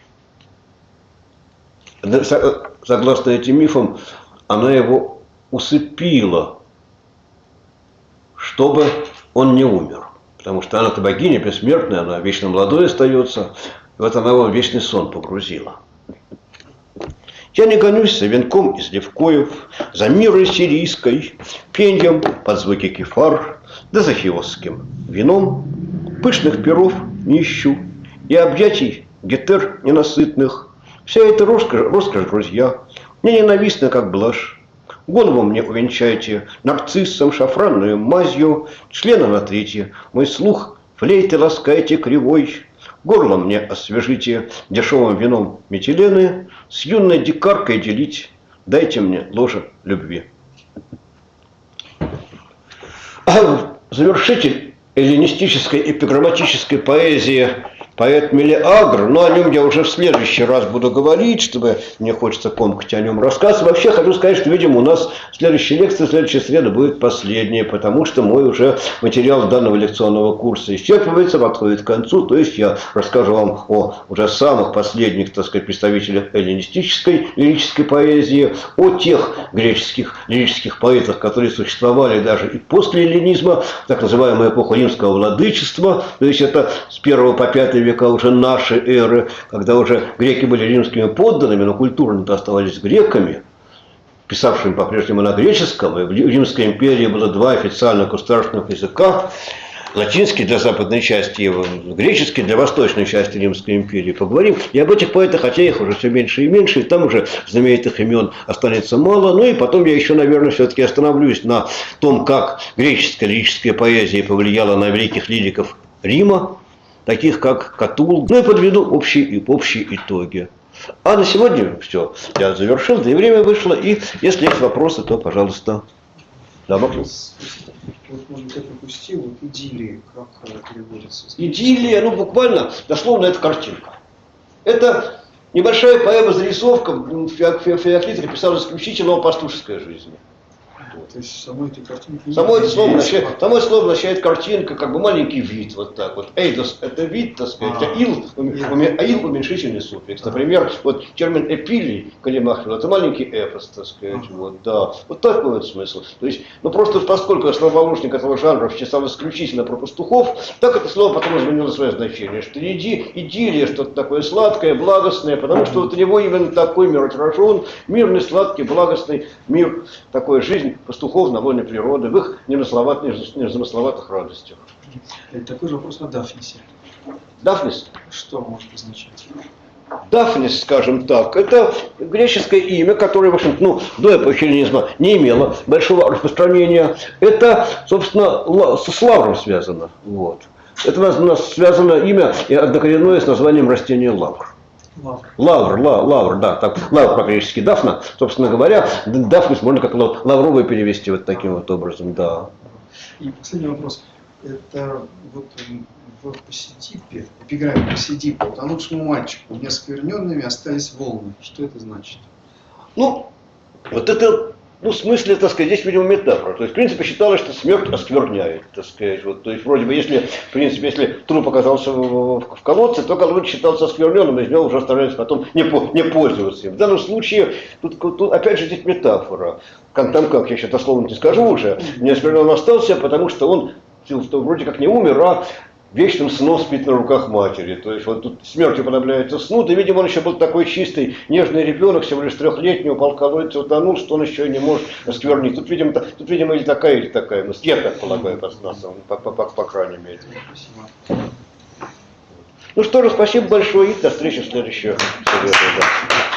Согласно этим мифам, она его усыпила, чтобы он не умер. Потому что она-то богиня бессмертная, она вечно молодой остается. И вот она его в вечный сон погрузила. Я не гонюсь за венком из левкоев, за мирой сирийской, пеньем под звуки кефар, да за хиосским вином. Пышных перов не ищу и объятий гетер ненасытных. Вся эта роскошь, друзья, мне ненавистна, как блажь. Голову мне увенчайте нарциссом, шафранную мазью, члена натрите, мой слух флейты ласкайте кривой. Горло мне освежите дешевым вином метилены, с юной дикаркой делить, дайте мне ложе любви. Завершитель эллинистической эпиграмматической поэзии Поэт Мелиагр, но о нем я уже в следующий раз буду говорить, чтобы мне хочется комкать о нем рассказывать. Вообще хочу сказать, что, видимо, у нас следующая лекция, следующая среда будет последняя, потому что мой уже материал данного лекционного курса исчерпывается, подходит к концу. То есть я расскажу вам о уже самых последних, так сказать, представителях эллинистической лирической поэзии, о тех греческих лирических поэтах, которые существовали даже и после эллинизма, так называемая эпоха римского владычества, то есть это с 1 по 5 века уже нашей эры, когда уже греки были римскими подданными, но культурно-то оставались греками, писавшими по-прежнему на греческом, и в Римской империи было два официальных государственных языка, латинский для западной части и греческий для восточной части Римской империи. Поговорим и об этих поэтах, хотя их уже все меньше и меньше, и там уже знаменитых имен останется мало. Ну и потом я еще, наверное, все-таки остановлюсь на том, как греческая лирическая поэзия повлияла на великих лириков Рима, таких как Катул, ну и подведу общие итоги. А на сегодня все, я завершил, да и время вышло, и если есть вопросы, то, пожалуйста. Да, вопрос. Вот, может быть, я пропустил, вот идиллии, как переводится? Идиллия, ну буквально, дословно, это картинка. Это небольшая поэма-зарисовка, Феоклит писал исключительно о пастушеской жизни. То есть самой этой картинки... Само это слово означает картинка, как бы маленький вид, вот так вот. Эйдос – это вид, так сказать, а ил – уменьшительный суффикс. Например, вот термин эпилий Калимахин – это маленький эпос, так сказать, вот, да. Вот такой вот смысл. То есть, ну просто поскольку основоположник этого жанра писал исключительно про пастухов, так это слово потом изменило свое значение, что идиллия, что-то такое сладкое, благостное, потому что вот у него именно такой мир отражен, мирный, сладкий, благостный мир, такой жизнь пастухов на вольной природы, в их незамысловатых радостях. Такой же вопрос о Дафнисе. Дафнис? Что может означать? Дафнис, скажем так, это греческое имя, которое, в общем, ну, до эпохи эллинизма не имело большого распространения. Это, собственно, с лавром связано. Вот. Это у нас связано имя однокоренное с названием растения лавр. Лавр, да, так, лавр по-гречески дафна, собственно говоря, дафнис можно как лавровый перевести вот таким вот образом, да. И последний вопрос. Это вот в Посидипе, эпиграмме Посидипа, утонувшему мальчику неоскверненными остались волны. Что это значит? Ну, вот это, ну, в смысле, так сказать, здесь, видимо, метафора. То есть, в принципе, считалось, что смерть оскверняет, так сказать. Вот, то есть, вроде бы, если, в принципе, если труп оказался в колодце, то колодец считался оскверненным, и из него уже стараются потом не пользоваться им. В данном случае, тут опять же, здесь метафора. Там, как, я сейчас дословно не скажу уже, неоскверненным остался, потому что он вроде как не умер, а вечным сном спит на руках матери. То есть вот тут смертью подобляется сну. Да, видимо, он еще был такой чистый, нежный ребенок, всего лишь 3-летний, упал в колодец, утонул, что он еще и не может осквернить. Тут, видимо, или такая. Ну, я так полагаю, по крайней мере. Ну что же, спасибо большое и до встречи в следующую среду.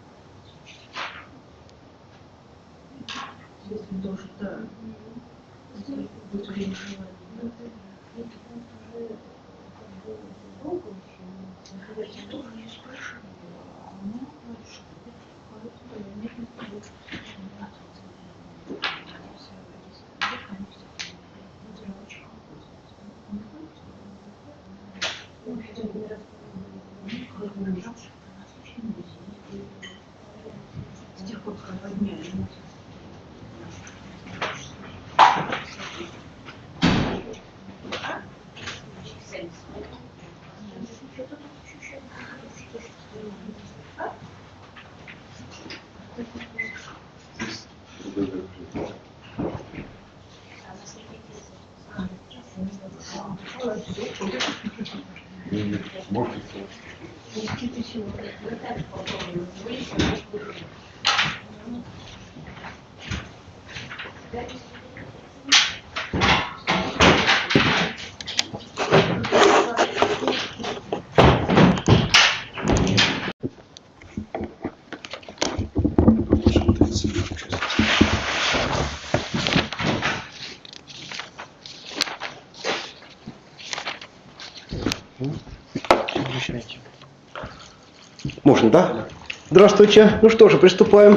Если тоже, да. Можно, да? Здравствуйте. Ну что же, приступаем.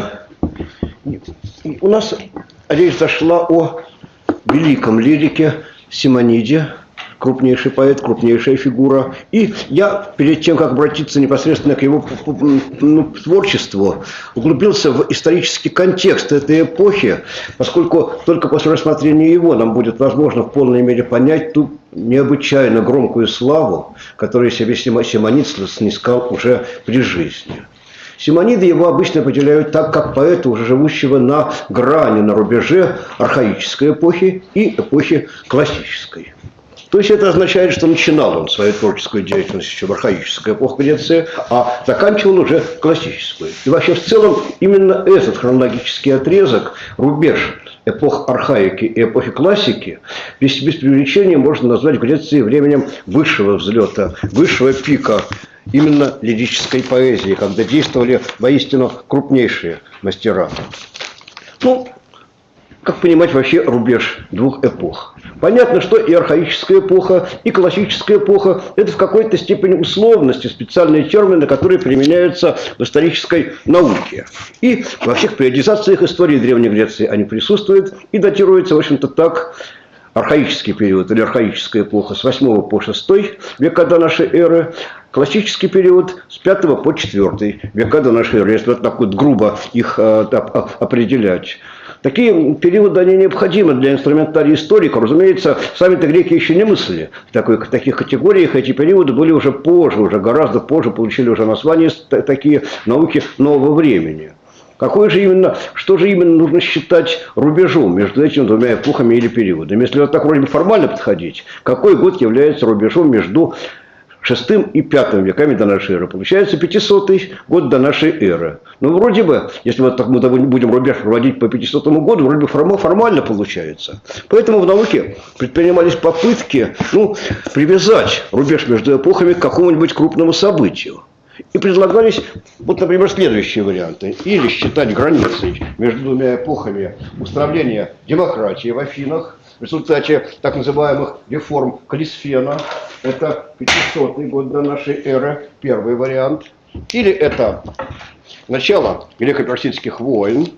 У нас речь зашла о великом лирике Симониде, крупнейший поэт, крупнейшая фигура. И я, перед тем, как обратиться непосредственно к его творчеству, углубился в исторический контекст этой эпохи, поскольку только после рассмотрения его нам будет возможно в полной мере понять ту необычайно громкую славу, которую себе Симонид снискал уже при жизни. Симониды его обычно определяют так, как поэта, уже живущего на грани, на рубеже архаической эпохи и эпохи классической. То есть это означает, что начинал он свою творческую деятельность еще в архаической эпохе Греции, а заканчивал уже классическую. И вообще в целом именно этот хронологический отрезок, рубеж эпох архаики и эпохи классики, без преувеличения можно назвать в Греции временем высшего взлета, высшего пика именно лирической поэзии, когда действовали воистину крупнейшие мастера. Ну, как понимать вообще рубеж двух эпох? Понятно, что и архаическая эпоха, и классическая эпоха – это в какой-то степени условности, специальные термины, которые применяются в исторической науке. И во всех периодизациях истории Древней Греции они присутствуют и датируются, в общем-то, так. Архаический период или архаическая эпоха с 8 по 6 века до нашей эры, классический период с 5 по 4 века до нашей эры, если вот так вот грубо их определять. Такие периоды, они необходимы для инструментария историка. Разумеется, сами-то греки еще не мыслили в таких категориях. Эти периоды были уже позже, уже гораздо позже получили уже название такие науки нового времени. Что же именно нужно считать рубежом между этими двумя эпохами или периодами? Если вот так вроде бы формально подходить, какой год является рубежом между VI и V веками до нашей эры? Получается 500-й год до нашей эры. Ну, вроде бы, если вот так мы будем рубеж проводить по 500 году, вроде бы формально получается. Поэтому в науке предпринимались попытки привязать рубеж между эпохами к какому-нибудь крупному событию. И предлагались, вот, например, следующие варианты. Или считать границей между двумя эпохами устроения демократии в Афинах в результате так называемых реформ Калисфена. Это 500 год до нашей эры, первый вариант. Или это начало греко-персидских войн.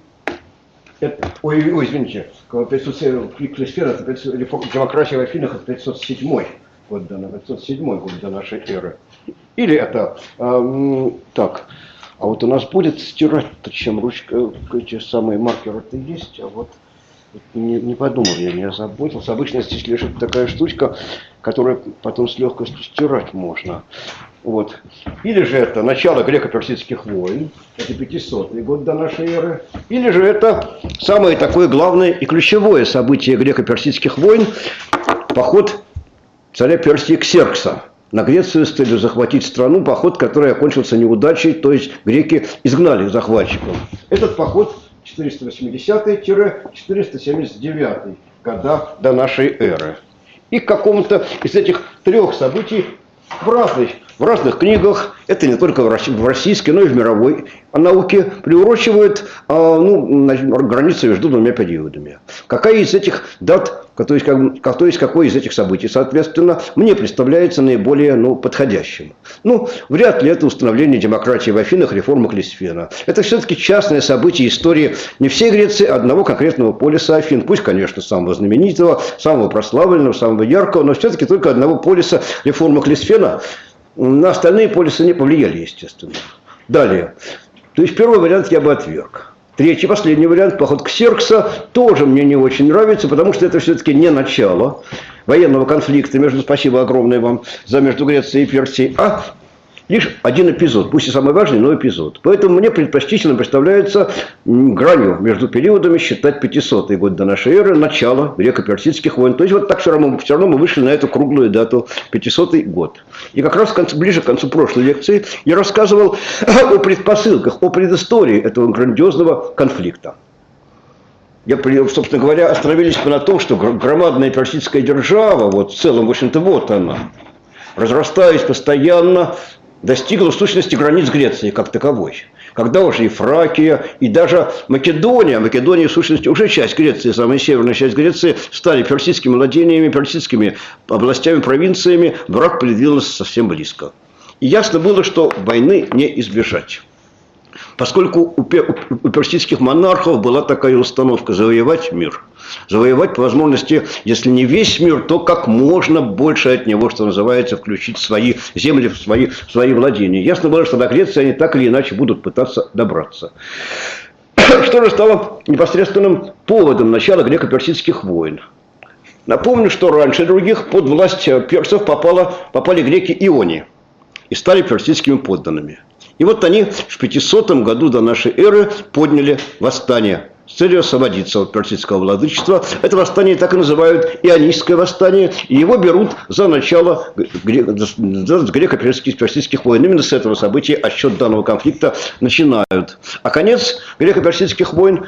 Извините, Калисфен, это демократия в Афинах, это 507 год до нашей эры. Или это, так, а вот у нас будет стирать-то, чем ручка, эти самые маркеры-то есть, а вот не подумал, я не озаботился. Обычно здесь лежит такая штучка, которую потом с легкостью стирать можно. Вот. Или же это начало греко-персидских войн, это 500-й год до нашей эры. Или же это самое такое главное и ключевое событие греко-персидских войн, поход царя Персии Ксеркса на Грецию с целью захватить страну, поход, который окончился неудачей, то есть греки изгнали захватчиков. Этот поход 480-479 года до нашей эры. И к какому-то из этих трех событий в разных книгах, это не только в российской, но и в мировой науке, приурочивают границу между двумя периодами. Какая из этих дат то есть какое из этих событий, соответственно, мне представляется наиболее подходящим. Вряд ли это установление демократии в Афинах, реформа Клисфена. Это все-таки частное событие истории не всей Греции, а одного конкретного полиса Афин. Пусть, конечно, самого знаменитого, самого прославленного, самого яркого, но все-таки только одного полиса реформа Клисфена. На остальные полисы не повлияли, естественно. Далее. То есть первый вариант я бы отверг. Третий, последний вариант, поход Ксеркса, тоже мне не очень нравится, потому что это все-таки не начало военного конфликта спасибо огромное вам между Грецией и Персией, а лишь один эпизод, пусть и самый важный, но эпизод. Поэтому мне предпочтительно представляется гранью между периодами считать 500-й год до нашей эры, начало греко-персидских войн. То есть вот так все равно мы вышли на эту круглую дату, 500-й год. И как раз ближе к концу прошлой лекции я рассказывал о предпосылках, о предыстории этого грандиозного конфликта. Собственно говоря, остановились мы на том, что громадная персидская держава, в целом, в общем-то, вот она, разрастаясь постоянно, достигла в сущности границ Греции как таковой. Когда уже и Фракия, и даже Македония в сущности уже часть Греции, самая северная часть Греции, стали персидскими владениями, персидскими областями, провинциями, враг придвинулся совсем близко. И ясно было, что войны не избежать. Поскольку у персидских монархов была такая установка – завоевать мир. Завоевать по возможности, если не весь мир, то как можно больше от него, что называется, включить свои земли, в свои владения. Ясно было, что до Греции они так или иначе будут пытаться добраться. Что же стало непосредственным поводом начала греко-персидских войн? Напомню, что раньше других под власть персов попали греки-иони и стали персидскими подданными. И вот они в 500 году до нашей эры подняли восстание с целью освободиться от персидского владычества. Это восстание так и называют Ионийское восстание, и его берут за начало греко-персидских войн. Именно с этого события отсчет данного конфликта начинают. А конец греко-персидских войн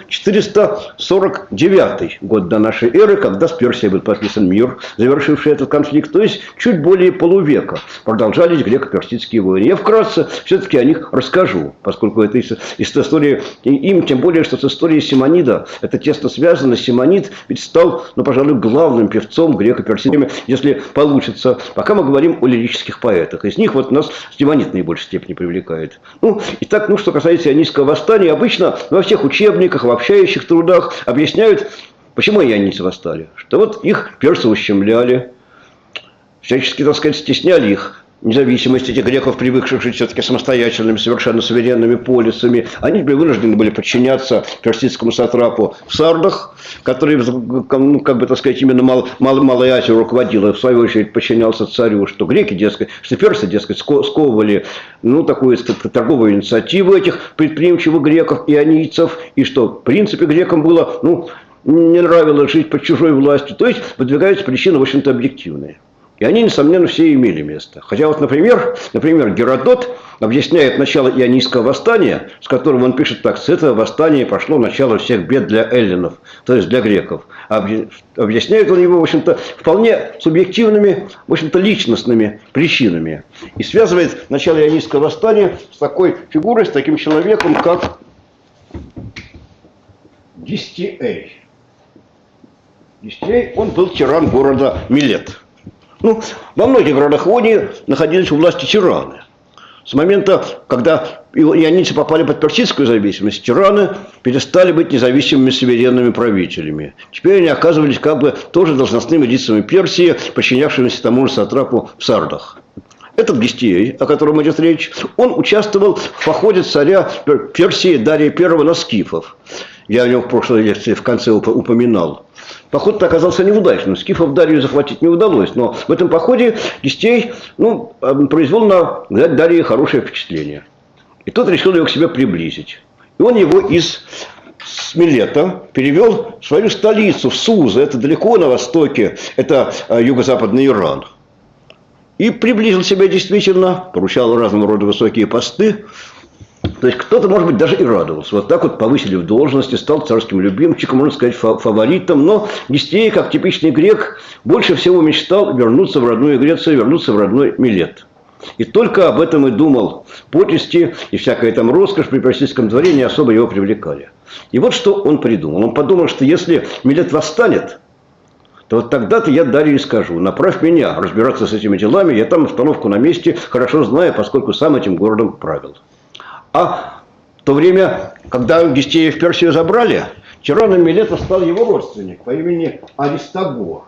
449 год до нашей эры, когда с Персией был подписан мир, завершивший этот конфликт. То есть чуть более полувека продолжались греко-персидские войны. Я вкратце все-таки о них расскажу, поскольку это из истории, им тем более, что с историей Симонида это тесно связано. Симонид ведь стал, пожалуй, главным певцом греко-персидскими, если получится. Пока мы говорим о лирических поэтах. Из них нас Симонид в наибольшей степени привлекает. Итак, что касается Ионийского восстания, обычно во всех учебниках, в общающих трудах объясняют, почему ионийцы восстали. Что их персы ущемляли, всячески, стесняли их независимость этих греков, привыкших жить все-таки самостоятельными, совершенно суверенными полисами. Они вынуждены были подчиняться персидскому сатрапу в Сардах, который, именно Малой Азией руководил, и в свою очередь подчинялся царю, что персы, сковывали такую торговую инициативу этих предприимчивых греков, ионийцев, и что, в принципе, грекам было, не нравилось жить под чужой властью. То есть, выдвигаются причины, в общем-то, объективные. И они, несомненно, все имели место. Хотя например, Геродот объясняет начало Ионийского восстания, с которым он пишет так: с этого восстания пошло начало всех бед для эллинов, то есть для греков. Объясняет он его, в общем-то, вполне субъективными, в общем-то, личностными причинами. И связывает начало Ионийского восстания с такой фигурой, с таким человеком, как Гистиэй. Гистиэй, он был тиран города Милет. Во многих городах Ионии находились у власти тираны. С момента, когда ионийцы попали под персидскую зависимость, тираны перестали быть независимыми суверенными правителями. Теперь они оказывались тоже должностными лицами Персии, подчинявшимися тому же сатрапу в Сардах. Этот Гистиэй, о котором идет речь, он участвовал в походе царя Персии Дария I на скифов. Я о нем в прошлой лекции в конце упоминал. Поход-то оказался неудачным. Скифов Дарию захватить не удалось. Но в этом походе Гистиэй произвел на Дария хорошее впечатление. И тот решил его к себе приблизить. И он его из Милета перевел в свою столицу, в Сузу. Это далеко на востоке. Это юго-западный Иран. И приблизил себя действительно, поручал разного рода высокие посты. То есть кто-то, может быть, даже и радовался. Вот так повысили в должности, стал царским любимчиком, можно сказать, фаворитом. Но Гистиэй, как типичный грек, больше всего мечтал вернуться в родную Грецию, вернуться в родной Милет. И только об этом и думал. Почести и всякая роскошь при персидском дворе не особо его привлекали. И вот что он придумал. Он подумал, что если Милет восстанет, то вот тогда-то я Дарье скажу: направь меня разбираться с этими делами, я там обстановку на месте хорошо знаю, поскольку сам этим городом правил. А в то время, когда Гестея в Персию забрали, тираном Милета стал его родственник по имени Аристагор.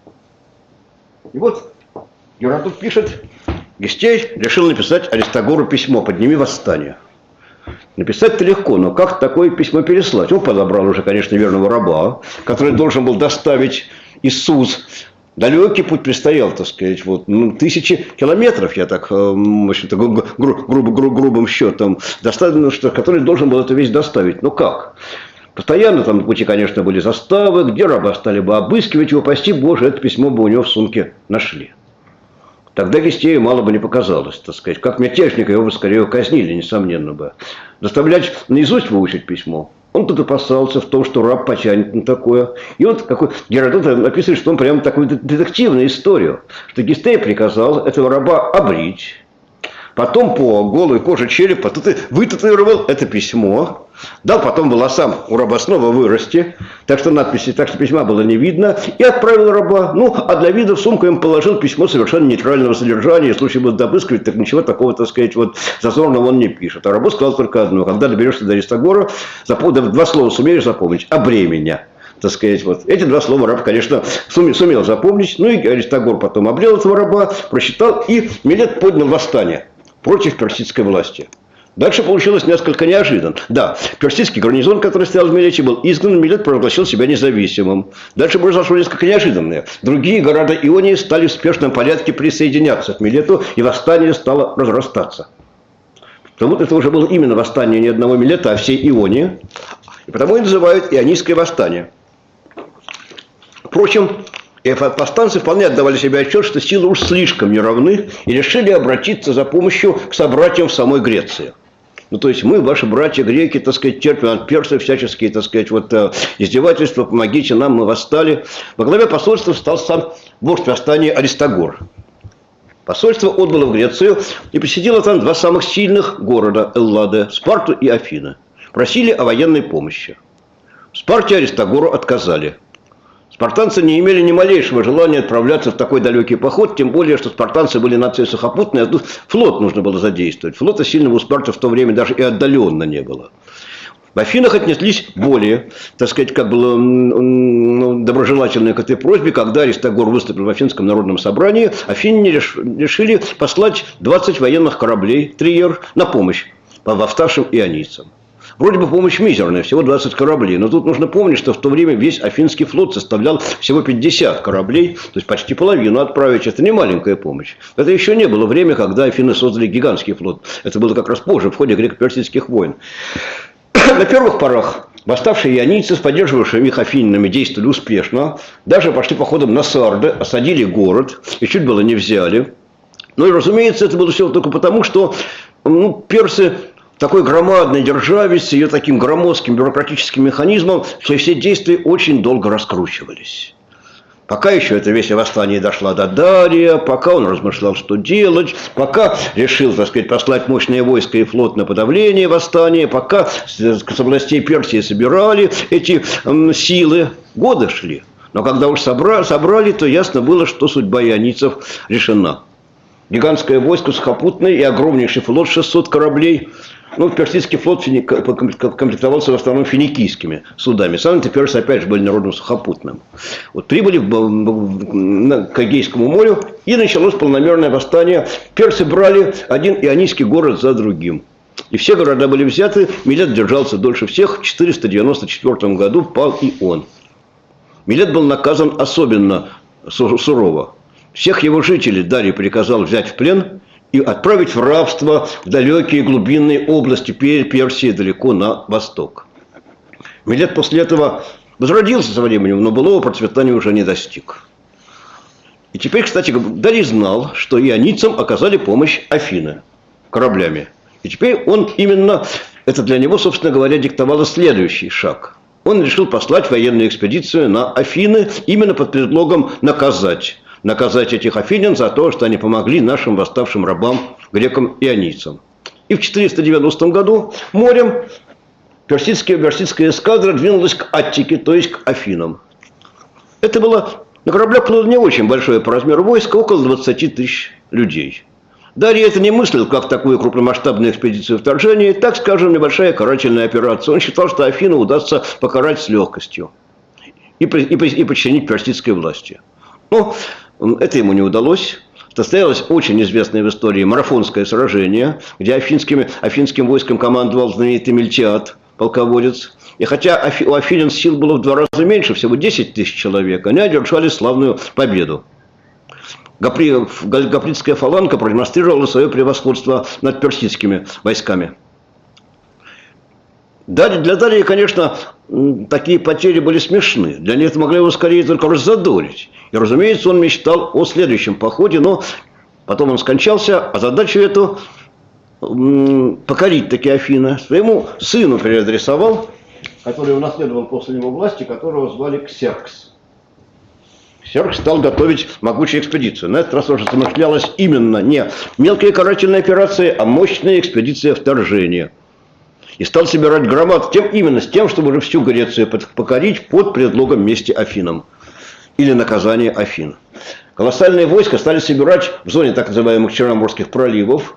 И вот Геродот пишет: Гестей решил написать Аристагору письмо: подними восстание. Написать-то легко, но как такое письмо переслать? Он подобрал уже, конечно, верного раба, который должен был доставить Иисус. Далекий путь предстоял, так сказать, вот, тысячи километров, я так, в общем-то, грубым счетом, который должен был эту вещь доставить. Ну как? Постоянно там на пути, конечно, были заставы, где раба стали бы обыскивать его, прости Боже, это письмо бы у него в сумке нашли. Тогда Гестею мало бы не показалось, так сказать. Как мятежника его бы скорее казнили, несомненно бы. Заставлять наизусть выучить письмо. Он тут опасался в том, что раб потянет на такое. И вот какой Геродот описывает, что он прямо такую детективную историю. Что Гестей приказал этого раба обрить. Потом по голой коже черепа вытатуировал это письмо. Дал потом волосам у раба снова вырасти. Так что надписи, так что письма было не видно. И отправил раба. Ну, а для вида в сумку им положил письмо совершенно нейтрального содержания. Если случае будет обыскивать, так ничего такого, так сказать, вот зазорного он не пишет. А рабу сказал только одно: когда доберешься до Аристагора, два слова сумеешь запомнить: обрей меня. Так сказать, вот. Эти два слова раб, конечно, сумел запомнить. Ну и Аристагор потом обрел этого раба, прочитал, и Милет поднял восстание против персидской власти. Дальше получилось несколько неожиданно. Да, персидский гарнизон, который стоял в Милете, был изгнан, Милет провозгласил себя независимым. Дальше произошло несколько неожиданное. Другие города Ионии стали в спешном порядке присоединяться к Милету, и восстание стало разрастаться. Потому что это уже было именно восстание не одного Милета, а всей Ионии. И потому и называют Ионийское восстание. Впрочем, и повстанцы вполне отдавали себе отчет, что силы уж слишком неравны, и решили обратиться за помощью к собратьям в самой Греции. Ну, то есть мы, ваши братья греки, так сказать, терпим от персов всяческие, так сказать, вот, издевательства, помогите нам, мы восстали. Во главе посольства стал сам вождь восстания Аристагор. Посольство отбыло в Грецию и посетило там два самых сильных города Эллады, Спарту и Афины. Просили о военной помощи. В Спарте Аристагору отказали. Спартанцы не имели ни малейшего желания отправляться в такой далекий поход, тем более, что спартанцы были нацией сухопутной, а тут флот нужно было задействовать. Флота сильного у Спарты в то время даже и отдаленно не было. В Афинах отнеслись более, так сказать, как было доброжелательно к этой просьбе. Когда Аристагор выступил в Афинском народном собрании, афиняне решили послать 20 военных кораблей, триер, на помощь восставшим ионийцам. Вроде бы помощь мизерная, всего 20 кораблей. Но тут нужно помнить, что в то время весь Афинский флот составлял всего 50 кораблей. То есть почти половину отправить. Это не маленькая помощь. Это еще не было время, когда Афины создали гигантский флот. Это было как раз позже, в ходе греко-персидских войн. На первых порах восставшие ионийцы с поддерживавшими их афининами действовали успешно. Даже пошли походом на Сарды, осадили город и чуть было не взяли. Ну и, разумеется, это было все только потому, что персы... такой громадной державе, с ее таким громоздким бюрократическим механизмом, все действия очень долго раскручивались. Пока еще эта весть о восстании дошла до Дария, пока он размышлял, что делать, пока решил, так сказать, послать мощное войско и флот на подавление восстания, пока с областей Персии собирали эти силы, годы шли. Но когда уж собрали, то ясно было, что судьба ионийцев решена. Гигантское войско сухопутное и огромнейший флот 600 кораблей. Ну, персидский флот комплектовался в основном финикийскими судами. Сами-то персы, опять же, были народом сухопутным. Вот прибыли к Эгейскому морю, и началось полномерное восстание. Персы брали один ионийский город за другим. И все города были взяты. Милет держался дольше всех. В 494 году пал и он. Милет был наказан особенно сурово. Всех его жителей Дарий приказал взять в плен и отправить в рабство в далекие глубинные области Персии, далеко на восток. Милет после этого возродился со временем, но былого процветания уже не достиг. И теперь, кстати, Дарий знал, что ионийцам оказали помощь Афины кораблями. И теперь он именно, это для него, собственно говоря, диктовало следующий шаг. Он решил послать военную экспедицию на Афины именно под предлогом наказать этих афинян за то, что они помогли нашим восставшим рабам, грекам и ионийцам. И в 490 году морем персидская эскадра двинулась к Аттике, то есть к Афинам. Это было На кораблях было не очень большое по размеру войско, около 20 тысяч людей. Дарий это не мыслил, как такую крупномасштабную экспедицию вторжения, так скажем, небольшая карательная операция. Он считал, что Афину удастся покарать с легкостью и подчинить персидской власти. Но это ему не удалось. Состоялось очень известное в истории марафонское сражение, где афинским войском командовал знаменитый Мильтиад, полководец. И хотя у афинян сил было в 2 раза меньше, всего 10 тысяч человек, они одержали славную победу. Гапридская фаланга продемонстрировала свое превосходство над персидскими войсками. Для Дария, конечно, такие потери были смешны. Для них это могли его скорее только раззадорить. И, разумеется, он мечтал о следующем походе, но потом он скончался, а задачу эту покорить таки Афины своему сыну переадресовал, который унаследовал после него власти, которого звали Ксеркс. Ксеркс стал готовить могучую экспедицию. На этот раз уже замышлялась именно не мелкие карательные операции, а мощная экспедиция вторжения. И стал собирать громад именно с тем, чтобы уже всю Грецию покорить под предлогом мести Афинам. Или наказания Афин. Колоссальные войска стали собирать в зоне так называемых Черноморских проливов.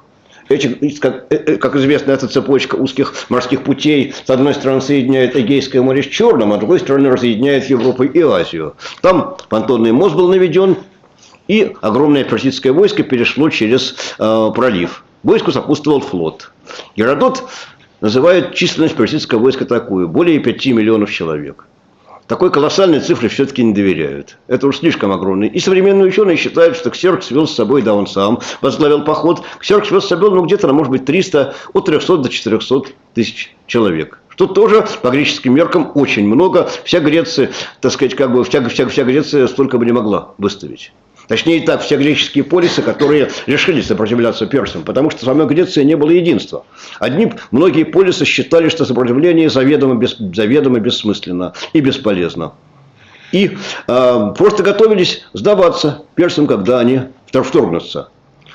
Как известно, эта цепочка узких морских путей с одной стороны соединяет Эгейское море с Черным, а с другой стороны разъединяет Европу и Азию. Там понтонный мост был наведен, и огромное персидское войско перешло через пролив. Войску сопутствовал флот. Геродот называет численность персидского войска такую: более 5 миллионов человек. Такой колоссальной цифре все-таки не доверяют. Это уж слишком огромный. И современные ученые считают, что Ксеркс вел с собой, да, он сам возглавил поход. Ксеркс вел с собой, где-то, может быть, 300, от 300 до 400 тысяч человек. Что тоже по греческим меркам очень много. Вся Греция, так сказать, вся Греция столько бы не могла выставить. Точнее так, все греческие полисы, которые решили сопротивляться персам, потому что в самой Греции не было единства. Многие полисы считали, что сопротивление заведомо бессмысленно и бесполезно. И просто готовились сдаваться персам, когда они вторгнутся.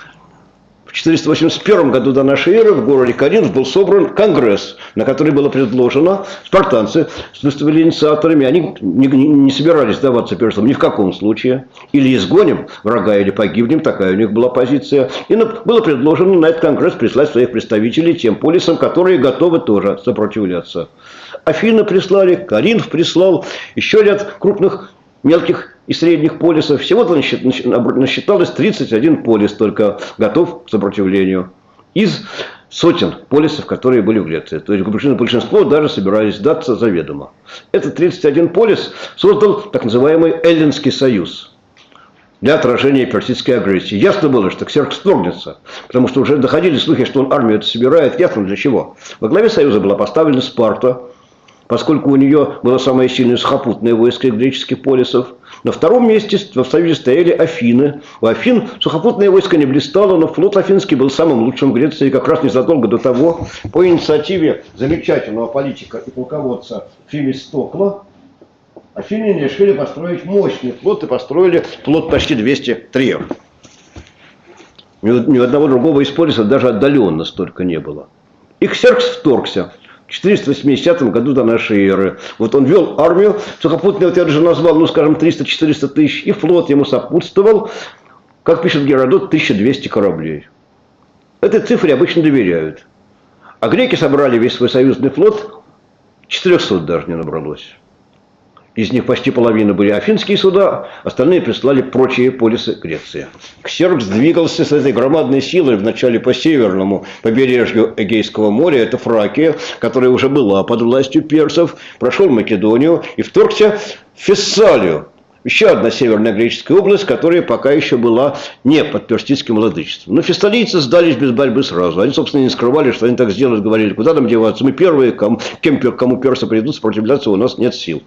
В 481 году до нашей эры в городе Коринф был собран конгресс, на который было предложено, спартанцы выступили инициаторами, они не собирались сдаваться персам ни в каком случае. Или изгоним врага, или погибнем, такая у них была позиция. И было предложено на этот конгресс прислать своих представителей тем полисам, которые готовы тоже сопротивляться. Афины прислали, Коринф прислал, еще ряд крупных мелких и средних полисов. Всего-то насчиталось 31 полис только готов к сопротивлению. Из сотен полисов, которые были в Греции. То есть большинство даже собирались сдаться заведомо. Этот 31 полис создал так называемый Эллинский союз для отражения персидской агрессии. Ясно было, что Ксеркс вторгнется, потому что уже доходили слухи, что он армию собирает. Ясно для чего. Во главе союза была поставлена Спарта, поскольку у нее было самое сильное сухопутное войско из греческих полисов. На втором месте в союзе стояли Афины. У Афин сухопутное войско не блистало, но флот афинский был самым лучшим в Греции. Как раз незадолго до того, по инициативе замечательного политика и полководца Фемистокла, афиняне решили построить мощный флот и построили флот почти 200 триев. Ни одного другого из полисов даже отдаленно столько не было. И Ксеркс вторгся. В 480 году до нашей эры. Вот он вел армию, сухопутный, вот я уже назвал, скажем, 300-400 тысяч, и флот ему сопутствовал, как пишет Геродот, 1200 кораблей. Этой цифре обычно доверяют. А греки собрали весь свой союзный флот, 400 даже не набралось. Из них почти половина были афинские суда, остальные прислали прочие полисы Греции. Ксеркс двигался с этой громадной силой вначале по северному побережью Эгейского моря, это Фракия, которая уже была под властью персов, прошел Македонию и вторгся в Фессалию. Еще одна северная греческая область, которая пока еще была не под персидским владычеством. Но фессалийцы сдались без борьбы сразу. Они, собственно, не скрывали, что они так сделают, говорили, куда нам деваться, мы первые, кому персы придут сопротивляться, у нас нет сил.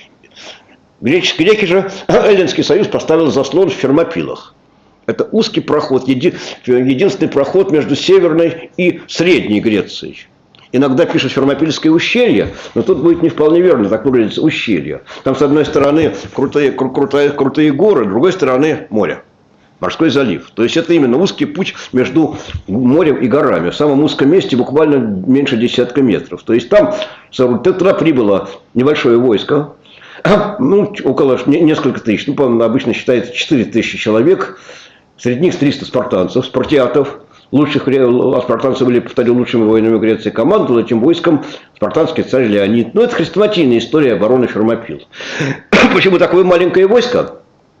Греки же, Эллинский союз поставил заслон в Фермопилах. Это узкий проход, единственный проход между Северной и Средней Грецией. Иногда пишут Фермопильское ущелье, но тут будет не вполне верно, так выглядит ущелье. Там с одной стороны крутые горы, с другой стороны море. Морской залив. То есть это именно узкий путь между морем и горами. В самом узком месте буквально меньше десятка метров. То есть там туда прибыло небольшое войско. Ну, около несколько тысяч. Ну, по-моему, обычно считается 4000 человек. Среди них 300 спартанцев, спартиатов. Лучших спартанцы были, повторю, лучшими воинами Греции. Командовал этим войском спартанский царь Леонид. Ну, это хрестоматийная история обороны Фермопил. Почему такое маленькое войско?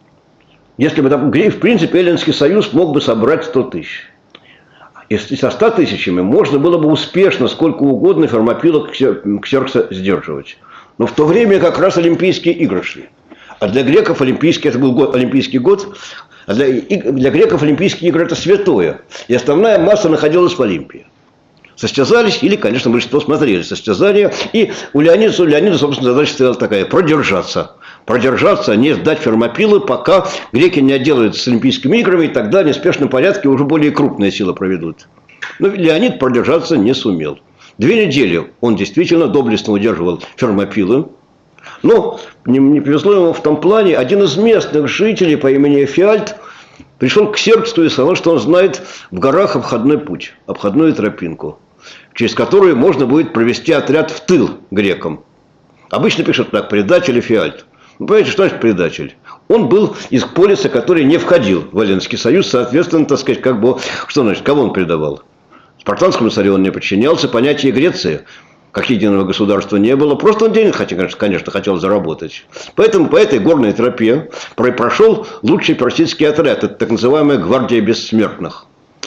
Если бы, в принципе, Эллинский союз мог бы собрать 100 тысяч. Если со 100 тысячами можно было бы успешно, сколько угодно, Фермопила Ксеркса сдерживать. Но в то время как раз Олимпийские игры шли. А для греков это был Олимпийский год. А для греков Олимпийские игры – это святое. И основная масса находилась в Олимпии. Состязались, или, конечно, большинство смотрели состязания. И у Леонида, собственно, задача стояла такая – продержаться. Продержаться, не сдать Фермопилы, пока греки не отделаются с Олимпийскими играми, и тогда в неспешном порядке уже более крупные силы проведут. Но Леонид продержаться не сумел. 2 недели он действительно доблестно удерживал Фермопилы. Но не повезло ему в том плане, один из местных жителей по имени Эфиальт пришел к Ксерксу и сказал, что он знает в горах обходной путь, обходную тропинку, через которую можно будет провести отряд в тыл грекам. Обычно пишут так: предатель Эфиальт. Вы понимаете, что значит предатель? Он был из полиса, который не входил в Эллинский союз, соответственно, так сказать, что значит, кого он предавал? Спартанскому царю он не подчинялся, понятия Греции как единого государства не было. Просто он денег, конечно, хотел заработать. Поэтому по этой горной тропе прошел лучший персидский отряд. Это так называемая гвардия бессмертных.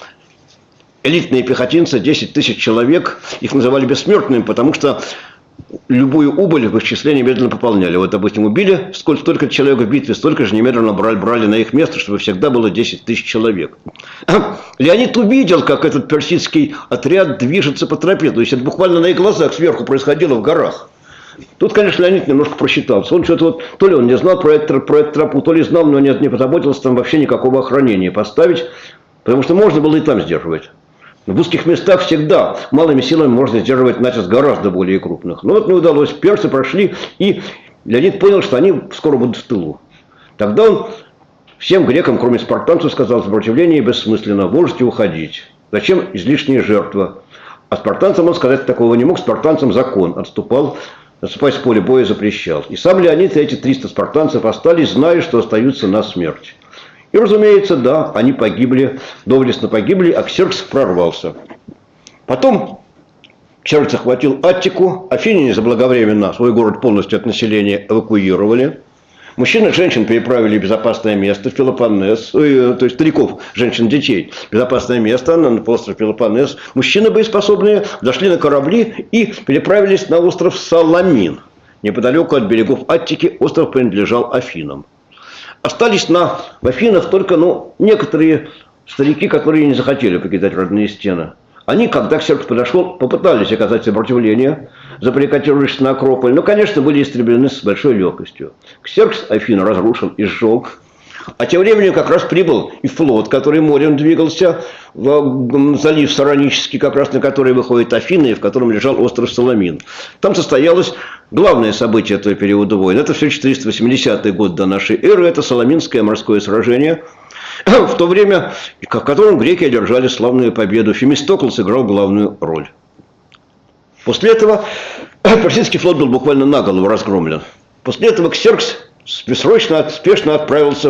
Элитные пехотинцы, 10 тысяч человек. Их называли бессмертными, потому что любую убыль в их числе немедленно пополняли. Вот, допустим, убили столько человек в битве, столько же немедленно брали на их место, чтобы всегда было 10 тысяч человек. Леонид увидел, как этот персидский отряд движется по тропе. То есть это буквально на их глазах сверху происходило в горах. Тут, конечно, Леонид немножко просчитался. Он что-то то ли он не знал про эту тропу, то ли знал, но не позаботился там вообще никакого охранения поставить, потому что можно было и там сдерживать. В узких местах всегда малыми силами можно сдерживать натиск гораздо более крупных. Но вот не удалось. Персы прошли, и Леонид понял, что они скоро будут в тылу. Тогда он всем грекам, кроме спартанцев, сказал: сопротивление бессмысленно, можете уходить. Зачем излишняя жертва? А спартанцам он сказать такого не мог. Спартанцам закон отступать с поля боя запрещал. И сам Леонид и эти 300 спартанцев остались, зная, что остаются на смерть. И, разумеется, да, они погибли, доблестно погибли, а Ксеркс прорвался. Потом Ксеркс захватил Аттику, афиняне заблаговременно свой город полностью от населения эвакуировали. Мужчин и женщин переправили в безопасное место, в Пелопоннес, то есть стариков, женщин, детей, в безопасное место на остров Пелопоннес. Мужчины боеспособные зашли на корабли и переправились на остров Саламин. Неподалеку от берегов Аттики остров принадлежал Афинам. Остались в Афинах только некоторые старики, которые не захотели покидать родные стены. Они, когда Ксеркс подошел, попытались оказать сопротивление, забаррикадировавшись на Акрополь, но, конечно, были истреблены с большой легкостью. Ксеркс Афины разрушил и сжег. А тем временем как раз прибыл и флот, который морем двигался в залив Саронический, как раз на который выходит Афины, и в котором лежал остров Саламин. Там состоялось главное событие этого периода войн. Это все 480 год до нашей эры. Это Саламинское морское сражение, в то время, в котором греки одержали славную победу. Фемистокл сыграл главную роль. После этого персидский флот был буквально наголову разгромлен. После этого Ксеркс спешно отправился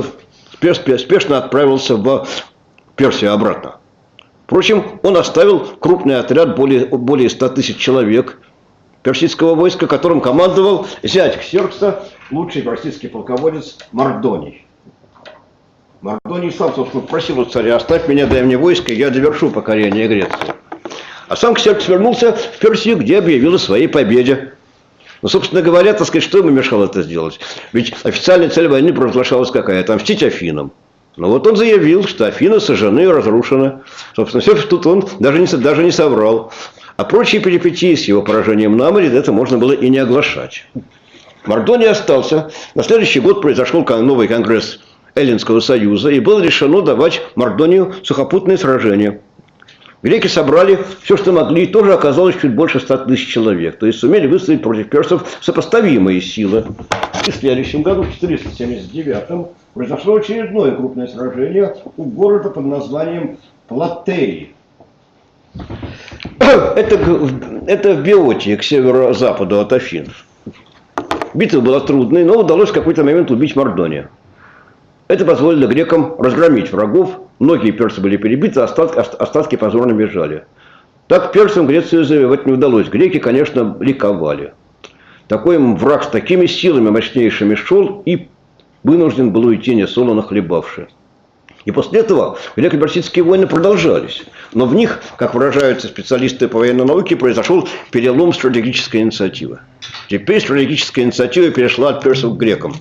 в Персию обратно. Впрочем, он оставил крупный отряд, более 100 тысяч человек персидского войска, которым командовал зять Ксеркса, лучший персидский полководец Мардоний. Мардоний сам, собственно, просил у царя: оставь меня, дай мне войско, я довершу покорение Греции. А сам Ксеркс вернулся в Персию, где объявил о своей победе. Но, собственно говоря, так сказать, что ему мешало это сделать? Ведь официальная цель войны провозглашалась какая? Отомстить Афинам. Но вот он заявил, что Афины сожжены и разрушены. Собственно, все тут он даже не соврал. А прочие перипетии с его поражением на море, это можно было и не оглашать. Мардоний остался. На следующий год произошел новый конгресс Эллинского союза, и было решено давать Мардонию сухопутные сражения. Греки собрали все, что могли, и тоже оказалось чуть больше 100 тысяч человек. То есть сумели выставить против персов сопоставимые силы. И в следующем году, в 479-м, произошло очередное крупное сражение у города под названием Платей. Это в Беотии, к северо-западу от Афин. Битва была трудной, но удалось в какой-то момент убить Мардония. Это позволило грекам разгромить врагов. Многие персы были перебиты, остатки позорно бежали. Так персам Грецию завоевать не удалось. Греки, конечно, ликовали. Такой враг с такими силами мощнейшими шел и вынужден был уйти несолоно хлебавши. И после этого греко-персидские войны продолжались. Но в них, как выражаются специалисты по военной науке, произошел перелом стратегической инициативы. Теперь стратегическая инициатива перешла от персов к грекам.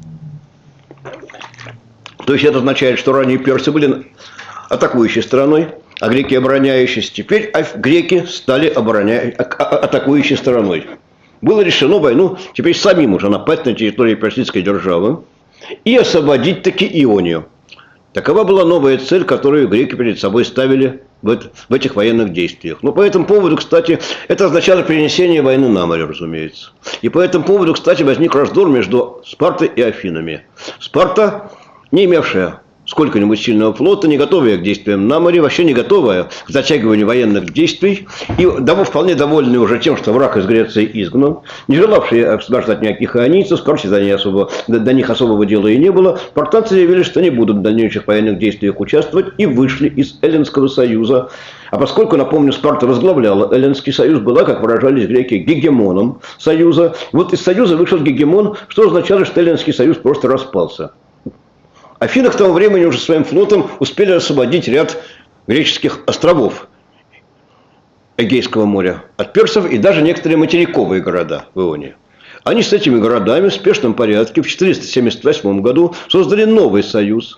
То есть это означает, что ранее персы были атакующей стороной, а греки обороняющиеся. Теперь греки стали атакующей стороной. Было решено войну теперь самим уже напасть на территорию персидской державы и освободить таки Ионию. Такова была новая цель, которую греки перед собой ставили в этих военных действиях. Но по этому поводу, кстати, это означало перенесение войны на море, разумеется. И по этому поводу, кстати, возник раздор между Спартой и Афинами. Спарта, не имевшая сколько-нибудь сильного флота, не готовая к действиям на море, вообще не готовая к затягиванию военных действий, и вполне довольная уже тем, что враг из Греции изгнан, не желавшие освобождать никаких ионийцев, скорее до них особого дела и не было, спартанцы заявили, что не будут в дальнейших военных действиях участвовать, и вышли из Эллинского союза. А поскольку, напомню, Спарта возглавляла Эллинский союз, была, как выражались греки, гегемоном союза. Вот из союза вышел гегемон, что означало, что Эллинский союз просто распался. Афины к тому времени уже своим флотом успели освободить ряд греческих островов Эгейского моря от персов и даже некоторые материковые города в Ионии. Они с этими городами в спешном порядке в 478 году создали новый союз,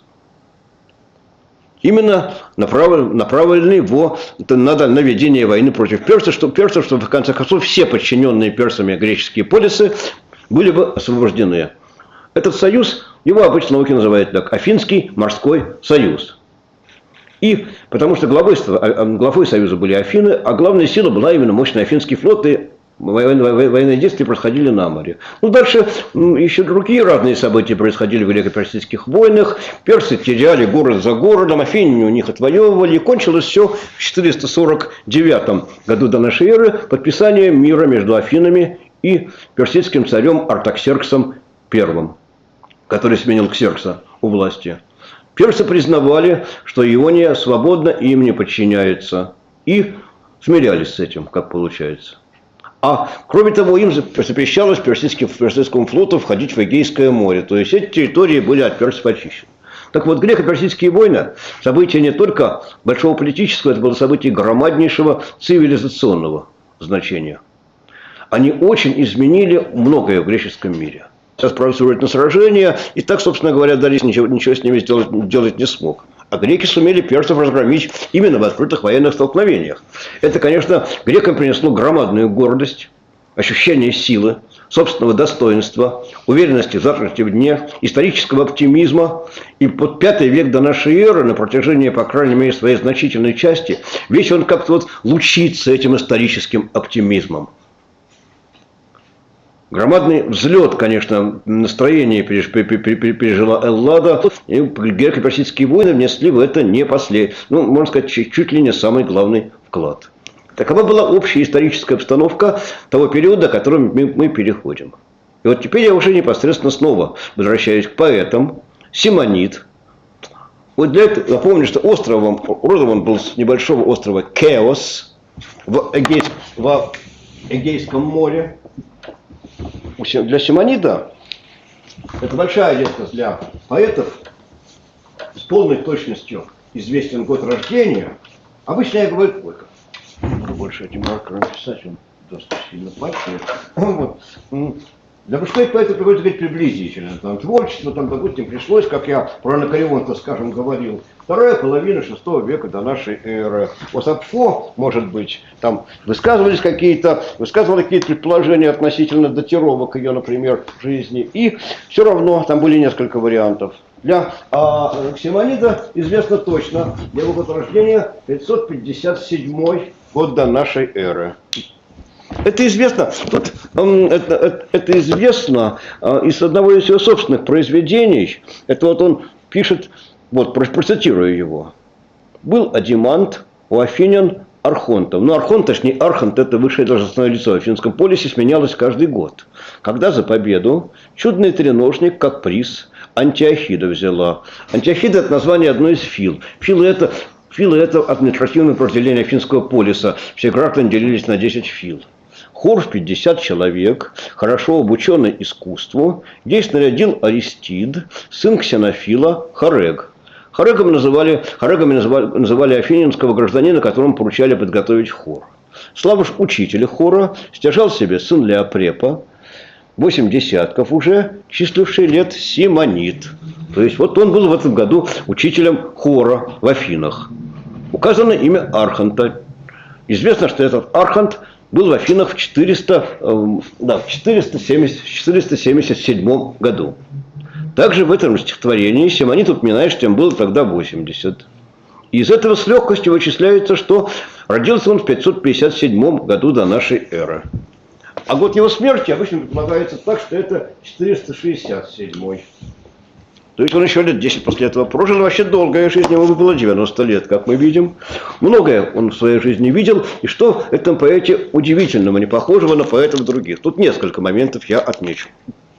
именно направленный на ведение войны против персов, чтобы в конце концов все подчиненные персами греческие полисы были бы освобождены. Этот союз, его обычно науки называют так, Афинский морской союз. И потому что главой союза были Афины, а главная сила была именно мощный Афинский флот, и военные действия происходили на море. Ну, дальше еще другие разные события происходили в греко-персидских войнах. Персы теряли город за городом, афиняне у них отвоевывали. И кончилось все в 449 году до нашей эры подписанием мира между Афинами и персидским царем Артаксерксом I, который сменил Ксеркса у власти. Персы признавали, что Иония свободна и им не подчиняется. И смирялись с этим, как получается. А кроме того, им запрещалось персидскому флоту входить в Эгейское море. То есть эти территории были от персов очищены. Так вот, греко-персидские войны – событие не только большого политического, это было событие громаднейшего цивилизационного значения. Они очень изменили многое в греческом мире. Сейчас провоцируют на сражения, и так, собственно говоря, Дарий ничего с ними делать не смог. А греки сумели персов разгромить именно в открытых военных столкновениях. Это, конечно, грекам принесло громадную гордость, ощущение силы, собственного достоинства, уверенности в завтрашнем дне, исторического оптимизма. И под V век до нашей эры, на протяжении, по крайней мере, своей значительной части, весь он как-то вот лучится этим историческим оптимизмом. Громадный взлет, конечно, настроения пережила Эллада, и греко-персидские войны внесли в это не можно сказать, чуть ли не самый главный вклад. Такова была общая историческая обстановка того периода, к которому мы переходим. И вот теперь я уже непосредственно снова возвращаюсь к поэтам. Симонид. Вот для этого напомню, что родом он был с небольшого острова Кеос в Эгейском море. Для Симонида это большая редкость для поэтов. С полной точностью известен год рождения. Обычно я говорю, больше этим маркером писать, он достаточно сильно пачкает. Вот. Для большинства поэтов приходится говорить приблизительно. Там творчество, допустим, пришлось, как я про Анакреонта, скажем, говорил, вторая половина VI века до нашей эры. У Сапфо, может быть, там высказывали какие-то предположения относительно датировок ее, например, жизни. И все равно там были несколько вариантов. Для Симонида известно точно, его год рождения 557 год до нашей эры. Это известно, это известно из одного из его собственных произведений. Это вот он пишет, вот процитирую его. «Был Адимант у афинян архонтом. Но архонт, точнее архонт, это высшее должностное лицо в Афинском полисе, сменялось каждый год. Когда за победу чудный треножник, как приз, Антиохида взяла. Антиохида – это название одной из фил. Филы это административное подразделение Афинского полиса. Все граждане делились на 10 фил. Хор в 50 человек, хорошо обученный искусству, здесь нарядил Аристид, сын Ксенофила, Хорег. Хорегами называли афининского гражданина, которому поручали подготовить хор. Слава ж учителя хора стяжал себе сын Леопрепа, 8 десятков уже, числивший лет Симонид. То есть вот он был в этом году учителем хора в Афинах. Указано имя Архонта. Известно, что этот Архонт был в Афинах в 477 году. Также в этом стихотворении Симонид упоминает, что им было тогда 80. И из этого с легкостью вычисляется, что родился он в 557 году до нашей эры. А год его смерти обычно предполагается так, что это 467. То есть он еще лет 10 после этого прожил. Вообще долгая жизнь, ему было 90 лет, как мы видим. Многое он в своей жизни видел. И что в этом поэте удивительного, не похожего на поэтов других. Тут несколько моментов я отмечу.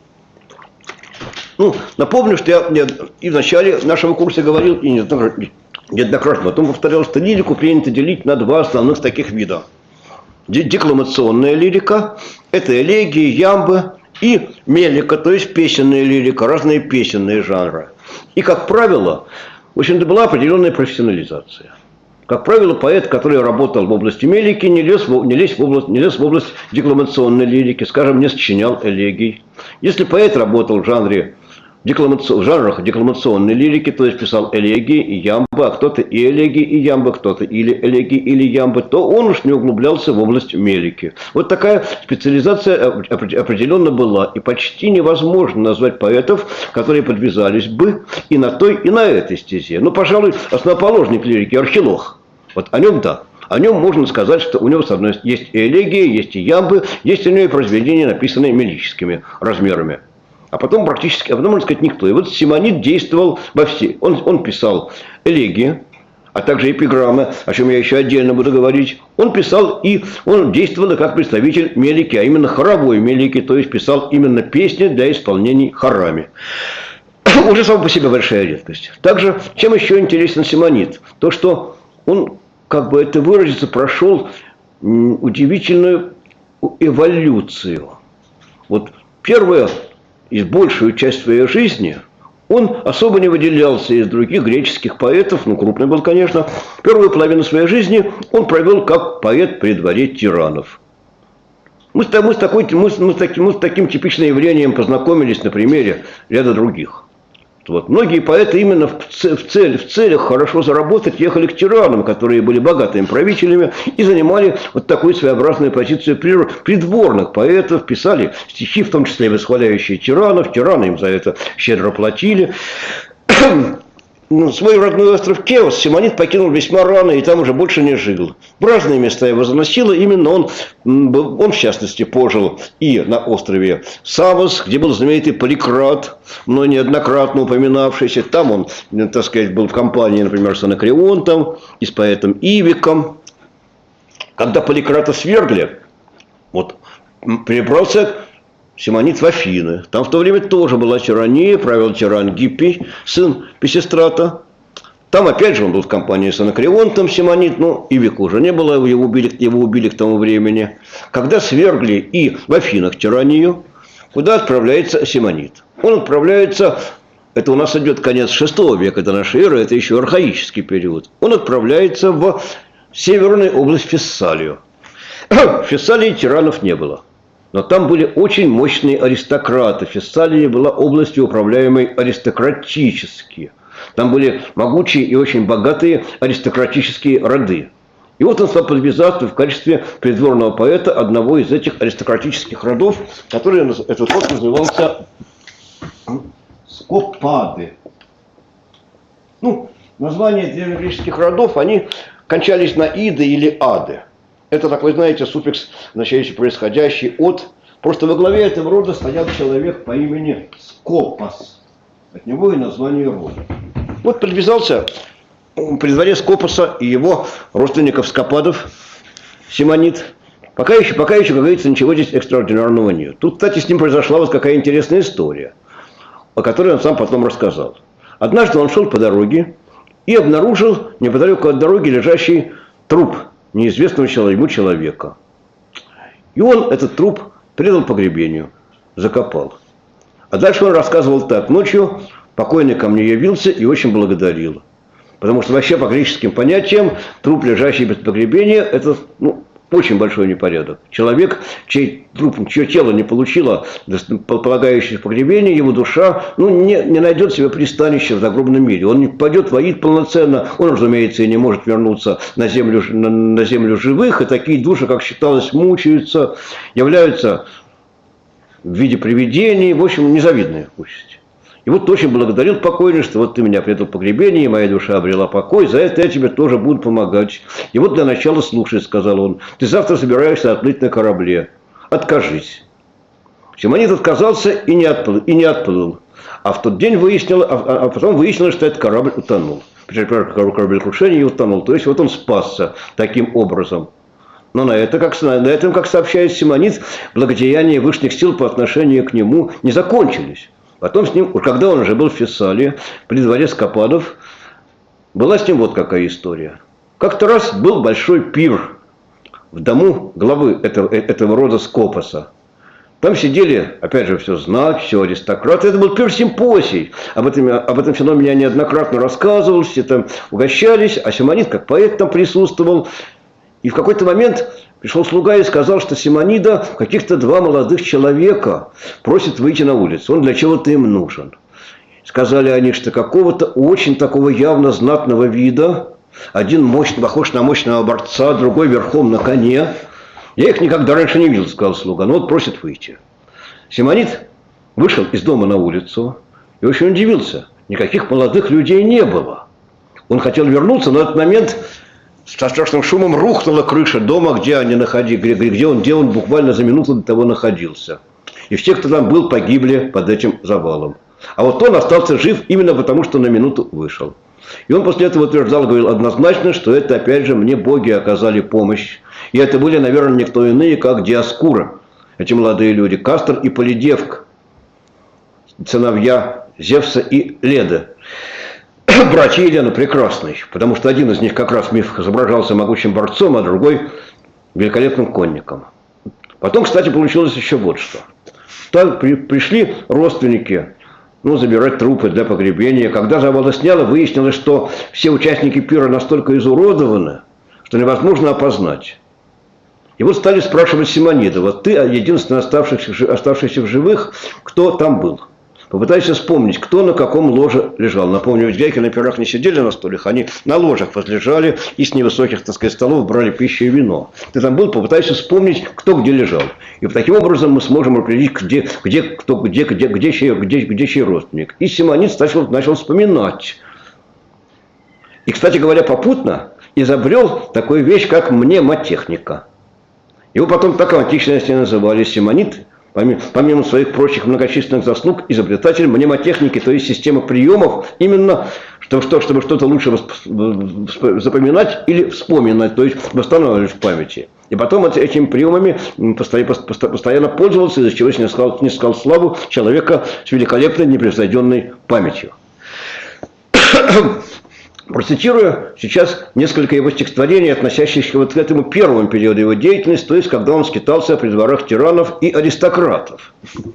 Напомню, что я и в начале нашего курса говорил, и неоднократно потом повторял, что лирику принято делить на два основных таких вида. Декламационная лирика – это элегии, ямбы, и мелика, то есть песенная лирика, разные песенные жанры. И, как правило, в общем-то, была определенная профессионализация. Как правило, поэт, который работал в области мелики, не лез в область декламационной лирики, скажем, не сочинял элегий. Если поэт работал в жанрах декламационной лирики, то есть писал элегии и ямбы, а кто-то и элегии, и ямбы, кто-то или элегии, или ямбы, то он уж не углублялся в область мелики. Вот такая специализация определенно была. И почти невозможно назвать поэтов, которые подвязались бы и на той, и на этой стезе. Пожалуй, основоположник лирики Архилох. Вот о нем да. О нем можно сказать, что у него, с одной стороны, есть и элегии, есть и ямбы, есть у него и произведения, написанные мелическими размерами. А потом можно сказать, никто. И вот Симонид действовал во все. Он писал элегии, а также эпиграммы, о чем я еще отдельно буду говорить. Он писал и он действовал как представитель мелики, а именно хоровой мелики, то есть писал именно песни для исполнений хорами. Уже сам по себе большая редкость. Также, чем еще интересен Симонид? То, что он, как бы это выразиться, прошел удивительную эволюцию. Вот первое, и большую часть своей жизни он особо не выделялся из других греческих поэтов, крупный был, конечно. Первую половину своей жизни он провел как поэт при дворе тиранов. Мы с таким типичным явлением познакомились на примере ряда других. Вот. Многие поэты именно в целях хорошо заработать ехали к тиранам, которые были богатыми правителями и занимали вот такую своеобразную позицию придворных поэтов, писали стихи, в том числе восхваляющие тиранов, тираны им за это щедро платили. Свой родной остров Кеос Симонид покинул весьма рано и там уже больше не жил. В разные места его заносило. Именно он в частности, пожил и на острове Савос, где был знаменитый Поликрат, но неоднократно упоминавшийся. Там он, так сказать, был в компании, например, с Анакреонтом и с поэтом Ивиком. Когда Поликрата свергли, перебрался Симонид в Афины. Там в то время тоже была тирания, правил тиран Гиппий, сын Писистрата. Там опять же он был в компании с Анакреонтом, Симонид, но Ивика уже не было, его убили к тому времени. Когда свергли и в Афинах тиранию, куда отправляется Симонид? Он отправляется, это у нас идет конец VI века до нашей эры, это еще архаический период. Он отправляется в северную область Фессалию. В Фессалии тиранов не было. Но там были очень мощные аристократы. Фессалия была областью, управляемой аристократически. Там были могучие и очень богатые аристократические роды. И вот он стал подвязаться в качестве придворного поэта одного из этих аристократических родов, этот род назывался Скопады. Названия древнегреческих родов, они кончались на иды или ады. Это, как вы знаете, суффикс, означающий происходящий от. Просто во главе этого рода стоял человек по имени Скопос. От него и название рода. Вот подвязался при дворе Скопоса и его родственников Скопадов, Симонид. Пока еще, как говорится, ничего здесь экстраординарного нет. Тут, кстати, с ним произошла вот какая интересная история, о которой он сам потом рассказал. Однажды он шел по дороге и обнаружил неподалеку от дороги лежащий труп неизвестного человека. И он этот труп предал погребению, закопал. А дальше он рассказывал так. Ночью покойный ко мне явился и очень благодарил. Потому что вообще по греческим понятиям труп, лежащий без погребения, это очень большой непорядок. Человек, чье тело не получило полагающееся погребение, его душа не найдет себе пристанища в загробном мире. Он не пойдет воить полноценно, он, разумеется, и не может вернуться на землю живых. И такие души, как считалось, мучаются, являются в виде привидений. В общем, незавидная участь. И вот очень благодарил покойный, что вот ты меня предал погребение, и моя душа обрела покой, за это я тебе тоже буду помогать. И вот для начала слушай, сказал он, ты завтра собираешься отплыть на корабле. Откажись. Симонид отказался и не отплыл. А в тот день потом выяснилось, что этот корабль утонул. Кораблекрушение и утонул. То есть вот он спасся таким образом. Но на этом, как сообщает Симонид, благодеяния высших сил по отношению к нему не закончились. Потом с ним, когда он уже был в Фессалии, при дворе Скопадов, была с ним вот какая история. Как-то раз был большой пир в дому главы этого рода Скопоса. Там сидели, опять же, все знать, все аристократы. Это был пир-симпосий. Об этом феномене я неоднократно рассказывал, все там угощались, а Симонид, как поэт, там присутствовал. И в какой-то момент пришел слуга и сказал, что Симонида каких-то два молодых человека просят выйти на улицу. Он для чего-то им нужен. Сказали они, что какого-то очень такого явно знатного вида. Один похож на мощного борца, другой верхом на коне. Я их никогда раньше не видел, сказал слуга. Но вот просят выйти. Симонид вышел из дома на улицу и очень удивился. Никаких молодых людей не было. Он хотел вернуться, но в этот момент со страшным шумом рухнула крыша дома, где он буквально за минуту до того находился. И все, кто там был, погибли под этим завалом. А вот он остался жив именно потому, что на минуту вышел. И он после этого утверждал, говорил однозначно, что это, опять же, мне боги оказали помощь. И это были, наверное, никто иные, как Диоскура. Эти молодые люди. Кастор и Полидевк. Сыновья Зевса и Леды. Братья Елены прекрасный, потому что один из них как раз в мифах изображался могучим борцом, а другой великолепным конником. Потом, кстати, получилось еще вот что. Там пришли родственники забирать трупы для погребения. Когда завалы сняло, выяснилось, что все участники пира настолько изуродованы, что невозможно опознать. И вот стали спрашивать Симонида, вот ты единственный оставшийся в живых, кто там был? Попытайся вспомнить, кто на каком ложе лежал. Напомню, ведь греки на пирах не сидели на стульях, они на ложах возлежали и с невысоких, столов брали пищу и вино. Ты там был, попытайся вспомнить, кто где лежал. И таким образом мы сможем определить, где чей родственник. И Симонид начал вспоминать. И, кстати говоря, попутно изобрел такую вещь, как мнемотехника. Его потом так в античности называли Симонид. Помимо своих прочих многочисленных заслуг, изобретатель мнемотехники, то есть системы приемов, именно чтобы что-то лучше запоминать или вспоминать, то есть восстанавливать в памяти. И потом этими приемами постоянно пользовался, из-за чего снискал славу человека с великолепной непревзойденной памятью. Процитирую сейчас несколько его стихотворений, относящихся вот к этому первому периоду его деятельности, то есть когда он скитался при дворах тиранов и аристократов.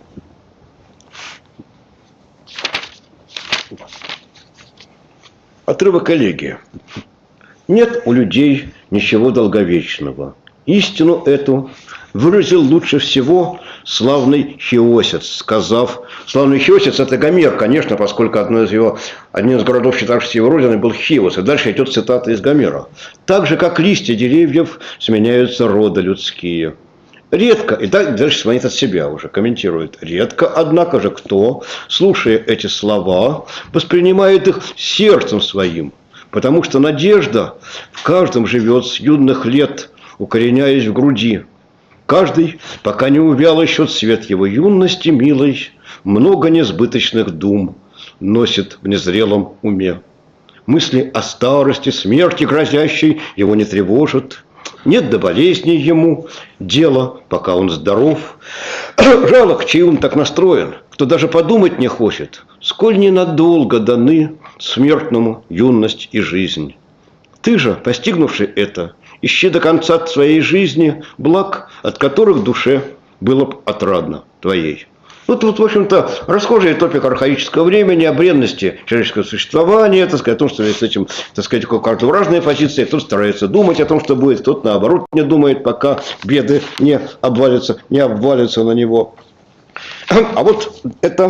Отрывок элегии. Нет у людей ничего долговечного. Истину эту выразил лучше всего славный Хиосец, сказав... Славный Хиосец – это Гомер, конечно, поскольку один из городов, считавшихся его родиной, был Хиос. И дальше идет цитата из Гомера. «Так же, как листья деревьев, сменяются роды людские». Редко, и дальше Симонид от себя уже комментирует, редко, однако же, кто, слушая эти слова, воспринимает их сердцем своим, потому что надежда в каждом живет с юных лет, укореняясь в груди. Каждый, пока не увял еще цвет его юности милой, много несбыточных дум носит в незрелом уме. Мысли о старости, смерти грозящей его не тревожат. Нет до болезней ему дела, пока он здоров. Жалок, чей ум так настроен, кто даже подумать не хочет, сколь ненадолго даны смертному юность и жизнь. Ты же, постигнувший это, ищи до конца своей жизни благ, от которых душе было бы отрадно твоей. Вот, в общем-то, расхожий топик архаического времени, о бренности человеческого существования, так сказать, о том, что с этим, так сказать, у каждого разные позиции, кто-то старается думать о том, что будет, кто-то, наоборот, не думает, пока беды не обвалятся на него. А вот это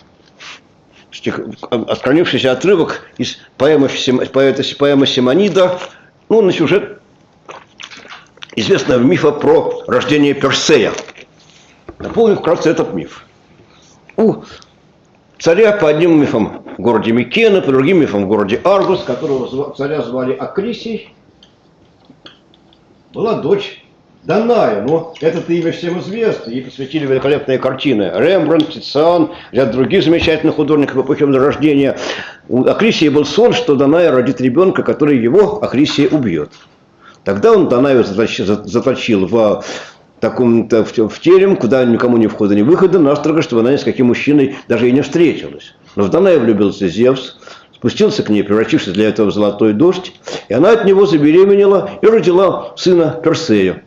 отклонившийся отрывок из поэмы Симонида, ну, на сюжет известного мифа про рождение Персея. Напомню вкратце этот миф. У царя по одним мифам в городе Микена, по другим мифам в городе Аргус, которого царя звали Акрисий, была дочь Даная. Но это имя всем известно. Ей посвятили великолепные картины. Рембрандт, Тициан, ряд других замечательных художников эпохи Возрождения. У Акрисия был сон, что Даная родит ребенка, который его, Акрисия, убьет. Тогда он Данаю заточил в терем, куда никому ни входа, ни выхода, настрого, чтобы она ни с каким мужчиной даже и не встретилась. Но в Данаю влюбился Зевс, спустился к ней, превратившись для этого в золотой дождь, и она от него забеременела и родила сына Персея.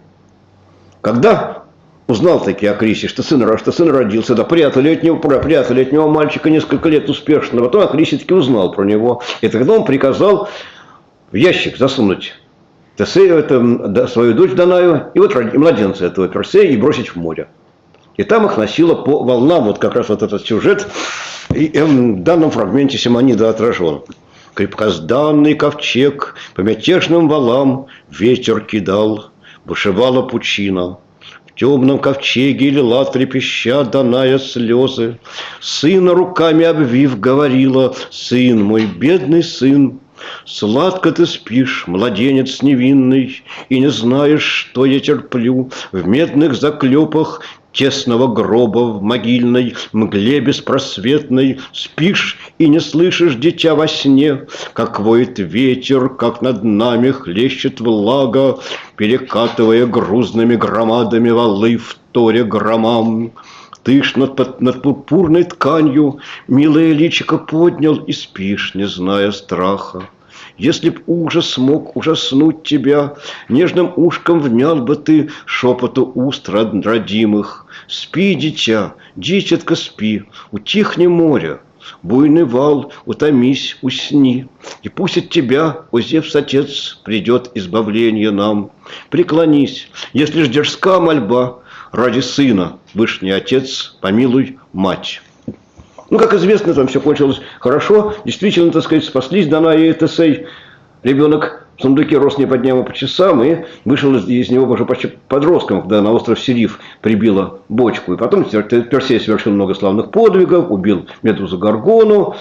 Когда узнал таки Акрисий, что сын родился, да, прятали от него мальчика несколько лет успешно, потом Акрисий таки узнал про него, и тогда он приказал в ящик засунуть Тесею, свою дочь Данаю, и вот младенца этого Персея, и бросить в море. И там их носило по волнам, вот как раз вот этот сюжет, и в данном фрагменте Симонида отражен. Крепкозданный ковчег по мятежным валам ветер кидал, бушевала пучина. В темном ковчеге лила трепеща Даная слезы. Сына руками обвив говорила: сын мой, бедный сын, сладко ты спишь, младенец невинный, и не знаешь, что я терплю в медных заклепах тесного гроба, в могильной мгле беспросветной. Спишь и не слышишь, дитя, во сне, как воет ветер, как над нами хлещет влага, перекатывая грузными громадами валы в торе громам. Ты ж над пурпурной тканью милое личико поднял и спишь, не зная страха. Если б ужас мог ужаснуть тебя, нежным ушком внял бы ты шепоту уст родимых. Спи, дитя, дитятка, спи, утихни море, буйный вал, утомись, усни. И пусть от тебя, о Зевс, отец, придет избавление нам. Преклонись, если ж дерзка мольба, ради сына, вышний отец, помилуй мать. Ну, как известно, там все кончилось хорошо. Действительно, так сказать, спаслись Даная и Тесей. Ребенок в сундуке рос не по дням, а по часам, и вышел из него уже почти подростком, когда на остров Сириф прибило бочку. И потом Персей совершил много славных подвигов, убил Медузу Горгону,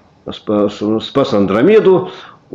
спас Андромеду,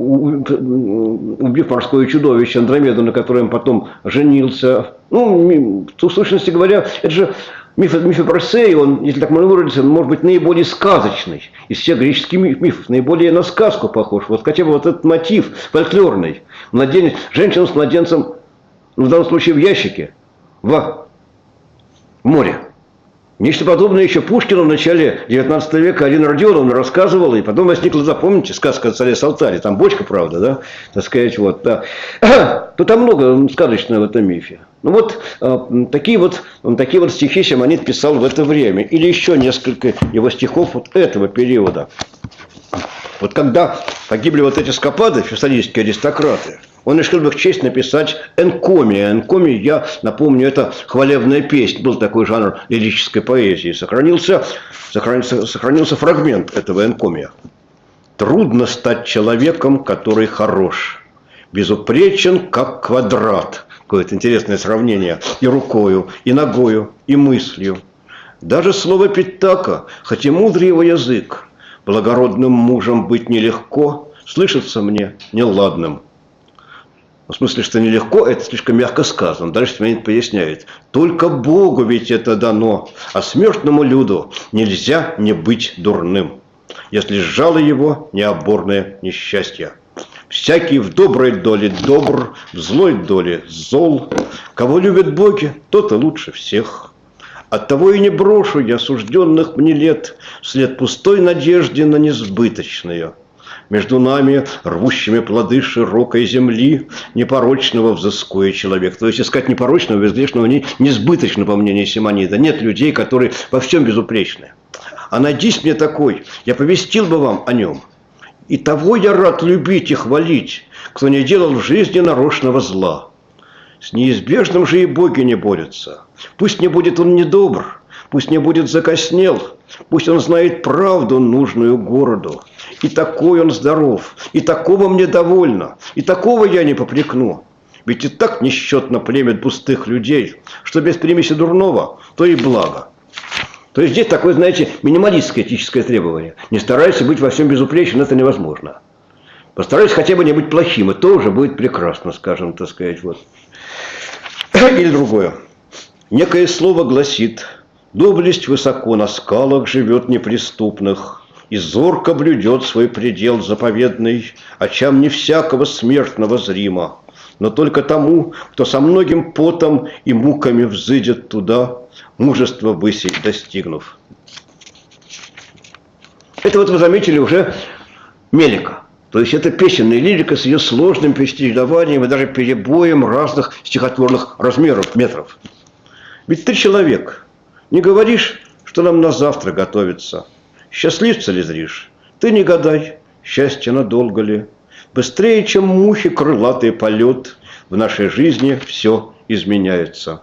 убив морское чудовище Андромеду, на котором потом женился. Ну, в сущности говоря, это же миф о Персее, он, если так можно выразиться, может быть наиболее сказочный из всех греческих мифов, наиболее на сказку похож. Вот хотя бы вот этот мотив фольклорный. Женщина с младенцем, ну, в данном случае в ящике, в море. Нечто подобное еще Пушкину в начале 19 века Арина Родионовна рассказывала, и потом возникла, запомните, сказка о царе Салтаре. Там бочка, правда, да? Так сказать, вот, да. То там много сказочного в этом мифе. Ну вот такие вот стихи Симонид писал в это время. Или еще несколько его стихов вот этого периода. Вот когда погибли вот эти скопады, фессалийские аристократы, он решил в их честь написать энкомия. Энкомия, я напомню, это хвалебная песнь. Был такой жанр лирической поэзии. Сохранился фрагмент этого энкомия. Трудно стать человеком, который хорош, безупречен, как квадрат. Какое-то интересное сравнение. И рукою, и ногою, и мыслью. Даже слово Питака, хоть и мудрый его язык, благородным мужем быть нелегко, слышится мне неладным. В смысле, что нелегко, это слишком мягко сказано. Дальше Симонид поясняет. Только Богу ведь это дано, а смертному люду нельзя не быть дурным. если сжало его необорное несчастье. Всякий в доброй доле добр, в злой доле зол. Кого любят боги, тот и лучше всех. Оттого и не брошу я сужденных мне лет вслед пустой надежде на несбыточное. Между нами, рвущими плоды широкой земли, непорочного взыскует человек. То есть искать непорочного, безгрешного, несбыточно, по мнению Симонида. Нет людей, которые во всем безупречны. А найдись мне такой, я повестил бы вам о нем. И того я рад любить и хвалить, кто не делал в жизни нарочного зла. С неизбежным же и боги не борются. Пусть не будет он недобр, пусть не будет закоснел, пусть он знает правду, нужную городу. И такой он здоров, и такого мне довольно, и такого я не попрекну. Ведь и так несчетно племя пустых людей, что без примеси дурного, то и благо. То есть здесь такое, знаете, минималистское этическое требование. Не старайся быть во всем безупречным, это невозможно. Постарайся хотя бы не быть плохим, и то уже будет прекрасно, скажем, так сказать. Вот. Или другое. Некое слово гласит: доблесть высоко на скалах живет неприступных, и зорко блюдет свой предел заповедный, очам не всякого смертного зримо, но только тому, кто со многим потом и муками взыдет туда, мужество высей достигнув. Это вот вы заметили уже мелика. То есть это песенная лирика с ее сложным перечислением и даже перебоем разных стихотворных размеров, метров. Ведь ты человек, не говоришь, что нам на завтра готовится. Счастливца ли зришь? Ты не гадай, счастье надолго ли. Быстрее, чем мухи крылатый полет, в нашей жизни все изменяется.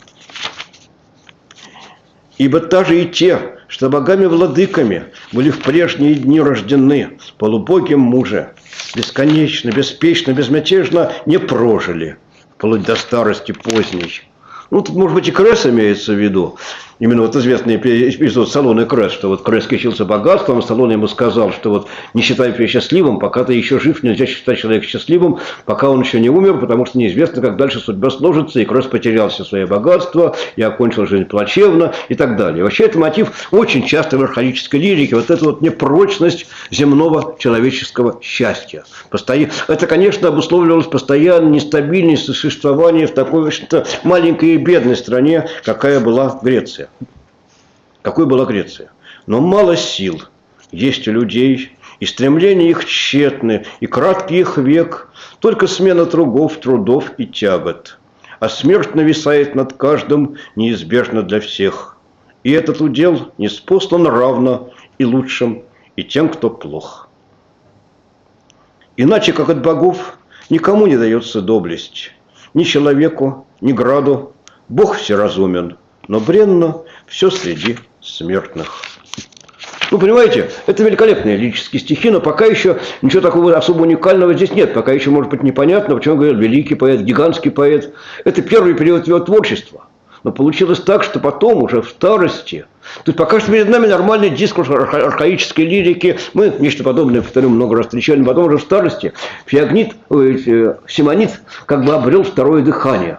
Ибо даже и те, что богами-владыками были в прежние дни рождены, полубогим муже, бесконечно, беспечно, безмятежно не прожили, вплоть до старости поздней. Ну, тут, может быть, и Кресс имеется в виду. Именно вот известный эпизод Солон и Кресс, что вот Кресс кичился богатством, Солон ему сказал, что вот не считай себя счастливым, пока ты еще жив, нельзя считать человека счастливым, пока он еще не умер, потому что неизвестно, как дальше судьба сложится, и Кресс потерял все свое богатство, и окончил жизнь плачевно, и так далее. Вообще, это мотив очень часто в архаической лирике, вот эта вот непрочность земного человеческого счастья. Это, конечно, обусловливалось постоянно нестабильностью существования в такой, в общем-то, маленькой и бедной стране, какая была Греция. Какой была Греция? Но мало сил есть у людей, и стремления их тщетны, и краткий их век, только смена трудов и тягот. А смерть нависает над каждым неизбежно для всех. И этот удел ниспослан равно и лучшим, и тем, кто плох. Иначе, как от богов, никому не дается доблесть. Ни человеку, ни граду. Бог всеразумен, но бренно все среди смертных. Ну, понимаете, это великолепные лирические стихи, но пока еще ничего такого особо уникального здесь нет. Пока еще, может быть, непонятно, почему говорят великий поэт, гигантский поэт. Это первый период его творчества. Но получилось так, что потом, уже в старости, то есть пока что перед нами нормальный дискурс архаической лирики, мы нечто подобное, повторю, много раз встречали, но потом уже в старости Симонид как бы обрел второе дыхание.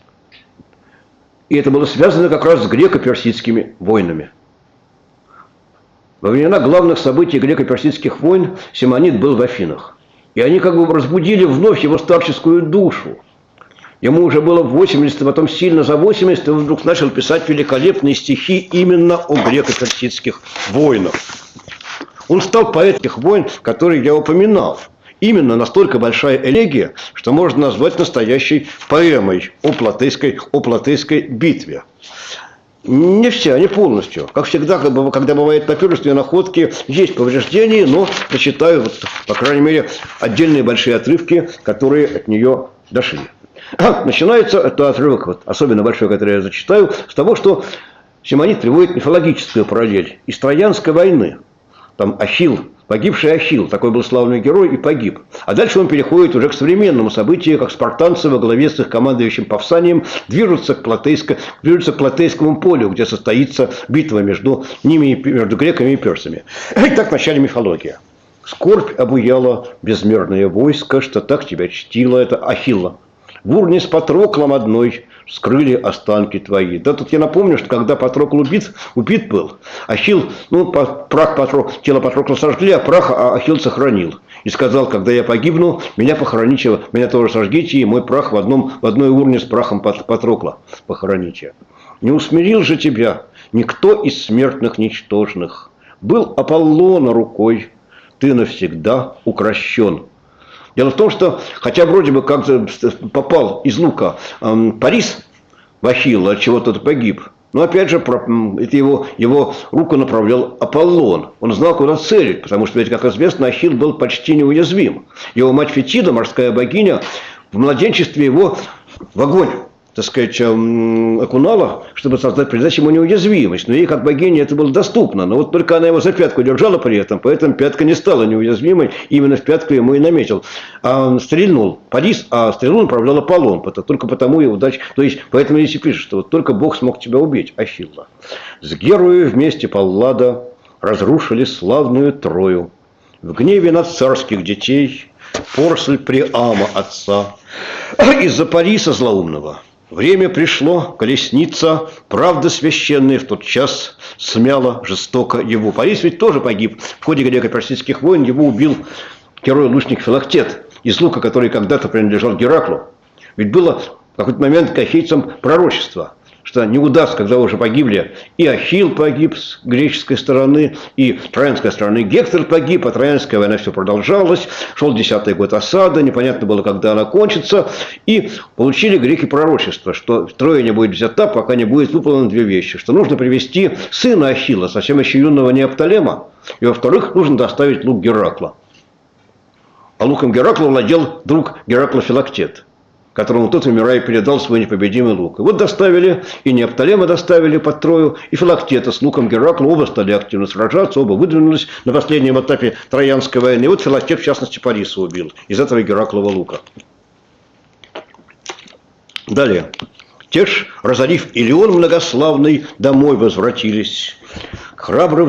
И это было связано как раз с греко-персидскими войнами. Во времена главных событий греко-персидских войн Симонид был в Афинах. И они как бы разбудили вновь его старческую душу. Ему уже было 80, а потом сильно за 80, и он вдруг начал писать великолепные стихи именно о греко-персидских войнах. Он стал поэтом тех войн, которые я упоминал. Именно настолько большая элегия, что можно назвать настоящей поэмой о Платейской битве. Не все, не полностью. Как всегда, когда бывают папирусные находки, есть повреждения, но прочитаю, вот, по крайней мере, отдельные большие отрывки, которые от нее дошли. Начинается этот отрывок, вот, особенно большой, который я зачитаю, с того, что Симонид приводит мифологическую параллель из Троянской войны. Там Ахилл, погибший Ахилл, такой был славный герой, и погиб. А дальше он переходит уже к современному событию, как спартанцы во главе с их командующим Павсанием движутся к Платейскому полю, где состоится битва между ними, между греками и персами. Итак, в начале мифология. Скорбь обуяла безмерное войско, что так тебя чтило, это Ахилла. В урне с Патроклом одной скрыли останки твои. Да тут я напомню, что когда Патрокл убит был, Ахилл, ну, тело Патрокла сожгли, а прах Ахилл сохранил. И сказал, когда я погибну, меня похороните, меня тоже сожгите, и мой прах в одной урне с прахом Патрокла похороните. Не усмирил же тебя никто из смертных ничтожных. Был Аполлона рукой, ты навсегда укращен. Дело в том, что, хотя вроде бы как-то попал из лука Парис в Ахилла, от чего тот погиб, но опять же, это его руку направлял Аполлон. Он знал, куда целить, потому что, ведь, как известно, Ахилл был почти неуязвим. Его мать Фетида, морская богиня, в младенчестве его в огонь, так сказать, окунала, чтобы создать придать ему неуязвимость. Но ей, как богине, это было доступно. Но вот только она его за пятку держала при этом, поэтому пятка не стала неуязвимой. Именно в пятку ему и наметил. А стрельнул Парис, а стрелу направлял Аполлон. Только потому и удача. То есть, поэтому здесь и пишет, что вот только Бог смог тебя убить, Ахилла. С Герою вместе Паллада разрушили славную Трою. В гневе на царских детей поросль Приама отца. Из-за Париса злоумного. Время пришло, колесница, правда священная в тот час смяла жестоко его. Парис ведь тоже погиб. В ходе греко-персидских войн его убил герой-лучник Филактет из лука, который когда-то принадлежал Гераклу. Ведь было в какой-то момент к ахейцам пророчество, что не удастся, когда уже погибли. И Ахилл погиб с греческой стороны, и троянской стороны Гектор погиб, а троянская война все продолжалась. Шел 10-й год осады, непонятно было, когда она кончится. И получили греки пророчество, что Троя не будет взята, пока не будет выполнены две вещи. Что нужно привести сына Ахилла, совсем еще юного Неоптолема, и, во-вторых, нужно доставить лук Геракла. А луком Геракла владел друг Геракла Филактет, которому тот, умирая, передал свой непобедимый лук. И вот доставили, и Неоптолема доставили под Трою, и Филактета с луком Геракла. Оба стали активно сражаться, оба выдвинулись на последнем этапе Троянской войны. И вот Филактет, в частности, Париса убил из этого Гераклова лука. Далее. Те ж, разорив Илион многославный, домой возвратились. Храбрых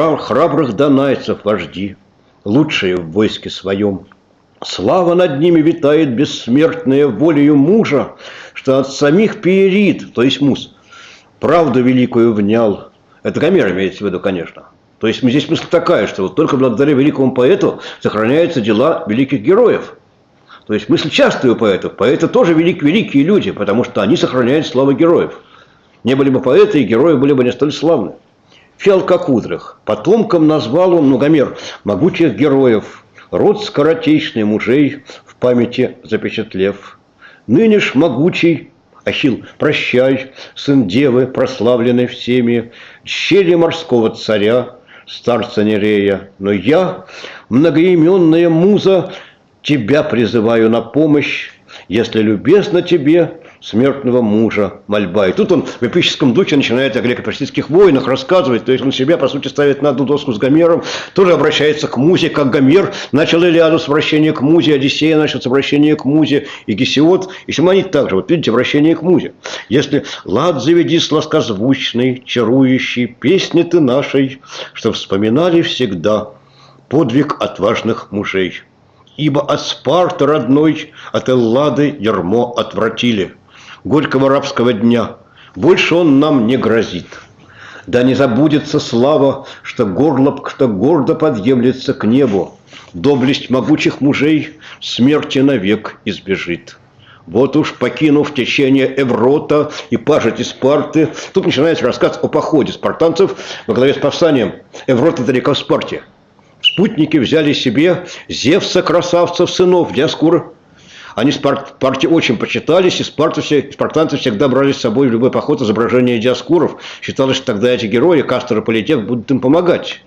донайцев вожди, лучшие в войске своем. Слава над ними витает бессмертная волею мужа, что от самих Пиерид, то есть Мус, правду великую внял. Это Гомер имеется в виду, конечно. То есть здесь мысль такая, что вот только благодаря великому поэту сохраняются дела великих героев. То есть мысль частая у поэтов. Поэты тоже великие люди, потому что они сохраняют славу героев. Не были бы поэты, и герои были бы не столь славны. Фиалкокудрых потомком назвал он, Гомер, могучих героев, род скоротечный мужей в памяти запечатлев. Ныне ж могучий Ахилл, прощай, сын девы, прославленный всеми, щели морского царя, старца Нерея. Но я, многоименная муза, тебя призываю на помощь, если любезно тебе смертного мужа мольба. И тут он в эпическом духе начинает о греко-персидских войнах рассказывать, то есть он себя, по сути, ставит на одну доску с Гомером, тоже обращается к музе, как Гомер начал Илиаду с обращения к музе, Одиссея начал с обращения к музе, и Гесиод, и Симонид также, вот видите, обращение к музе. Если лад заведи сладкозвучный, чарующий, песни ты нашей, что вспоминали всегда подвиг отважных мужей. Ибо от Спарты родной, от Эллады ярмо отвратили. Горького рабского дня больше он нам не грозит. Да не забудется слава, что гордо подъемлется к небу. Доблесть могучих мужей смерти навек избежит. Вот уж покинув течение Еврота и пажити Спарты, тут начинается рассказ о походе спартанцев во главе с повстанием. Еврот далеко в Спарте. Спутники взяли себе Зевса, красавцев, сынов Диоскуры. Они в Спарте очень почитались, и спартанцы всегда брали с собой в любой поход изображение Диоскуров. Считалось, что тогда эти герои, Кастор и Политех, будут им помогать.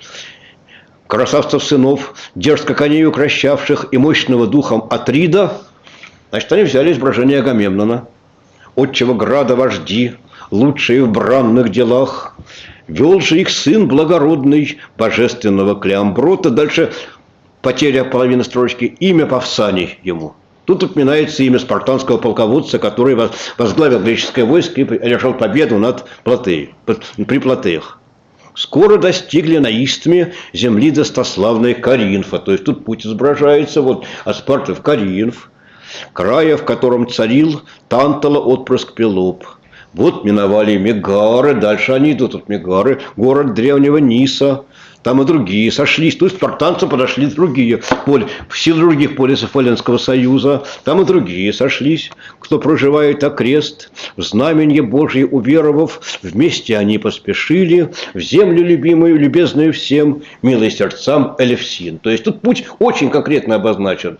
Красавцев сынов, дерзко коней укращавших и мощного духом Атрида, значит, они взяли изображение Агамемнона. Отчего града вожди, лучшие в бранных делах, вел же их сын благородный, божественного Клеомброта. Дальше потеря половины строчки, имя Павсаний ему. Тут упоминается имя спартанского полководца, который возглавил греческое войско и одержал победу при Платеях. Скоро достигли на Истме земли достославной Коринфа. То есть тут путь изображается вот, от Спарты в Коринф. края, в котором царил Тантала отпрыск Пелоп. Вот миновали Мегары, дальше они идут от Мегары, город древнего Ниса. Там и другие сошлись. То есть спартанцам подошли другие, все других полисов Эллинского союза. Там и другие сошлись, кто проживает окрест. В знаменье Божье уверовав, вместе они поспешили в землю любимую, любезную всем, милой сердцам Элевсин. То есть тут путь очень конкретно обозначен.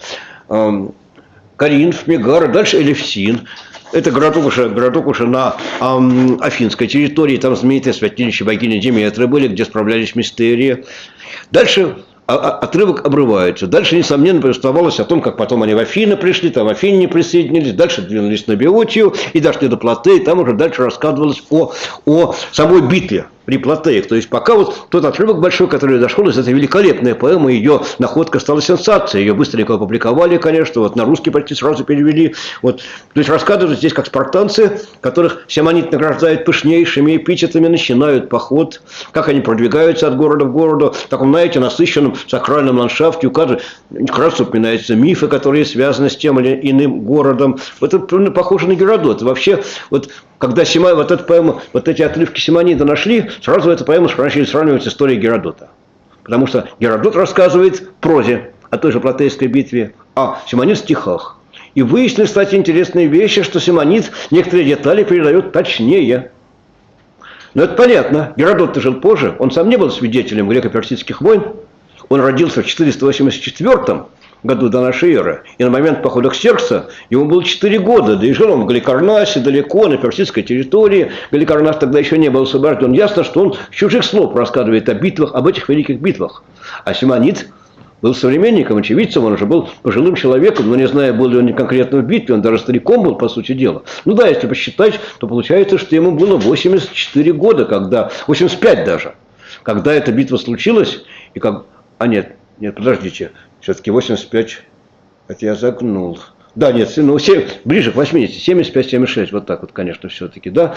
Коринф, Мегара, дальше Элевсин. Это городок уже на афинской территории, там знаменитые святилища богини Деметры были, где справлялись мистерии. Дальше отрывок обрывается. Дальше, несомненно, повествовалось о том, как потом они в Афины пришли, там Афиняне присоединились, дальше двинулись на Беотию и дошли до Платеи, там уже дальше рассказывалось о самой битве при Платеях. То есть пока вот тот отрывок большой, который дошел из этой великолепной поэмы, ее находка стала сенсацией, ее быстренько опубликовали, конечно, вот на русский почти сразу перевели. Вот. То есть рассказывают здесь, как спартанцы, которых Симонид награждает пышнейшими эпитетами, начинают поход, как они продвигаются от города в городу, в таком, знаете, насыщенном сакральном ландшафте, как раз упоминаются мифы, которые связаны с тем или иным городом. Это похоже на Геродот. Вообще, вот когда вот эта поэма, вот эти отрывки Симонида нашли, сразу эту поэму начали сравнивать с историей Геродота. Потому что Геродот рассказывает в прозе о той же Платейской битве, а Симонид в стихах. И выяснили, кстати, интересные вещи, что Симонид некоторые детали передает точнее. Но это понятно. Геродот-то жил позже, он сам не был свидетелем греко-персидских войн. Он родился в 484 году до нашей эры, и на момент похода Ксеркса ему было 4 года, да и жил он в Галикарнасе, далеко, на персидской территории. Галикарнас тогда еще не был освобожден. Ясно, что он с чужих слов рассказывает о битвах, об этих великих битвах. А Симонид был современником, очевидцем, он уже был пожилым человеком, но не зная, был ли он конкретно в битве, он даже стариком был, по сути дела. Ну да, если посчитать, то получается, что ему было 84 года, 85 даже, когда эта битва случилась, и как... нет, подождите, все-таки 85, это я загнул. Да, нет, ближе к 80, 75-76, вот так вот, конечно, все-таки, да.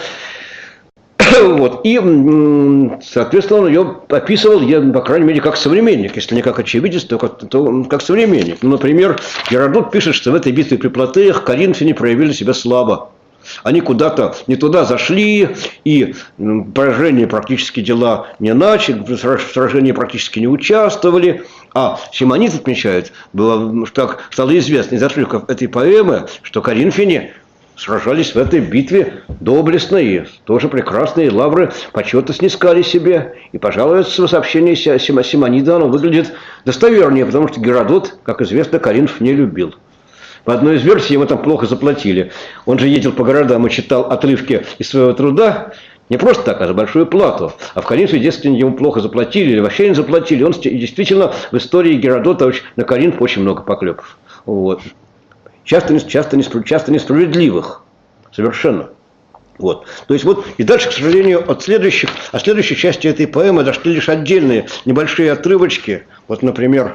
Вот. И, соответственно, он ее описывал, по крайней мере, как современник. Если не как очевидец, то как современник. Ну, например, Геродот пишет, что в этой битве при Платеях коринфяне проявили себя слабо. Они куда-то не туда зашли, и поражение практически дела не начали, в сражении практически не участвовали. А Симонид отмечает, так стало известно из отрывков этой поэмы, что коринфяне сражались в этой битве доблестно, и тоже прекрасные лавры почета снискали себе. И, пожалуй, сообщение Симонида оно выглядит достовернее, потому что Геродот, как известно, Коринф не любил. По одной из версий ему там плохо заплатили. Он же ездил по городам и читал отрывки из своего труда, не просто так, а за большую плату. А в Коринфе, дескать, ему плохо заплатили или вообще не заплатили. Он действительно в истории Геродота на Коринф очень много поклепов. Вот. Часто несправедливых. Совершенно. Вот. То есть вот, и дальше, к сожалению, от следующей части этой поэмы дошли лишь отдельные небольшие отрывочки. Вот, например,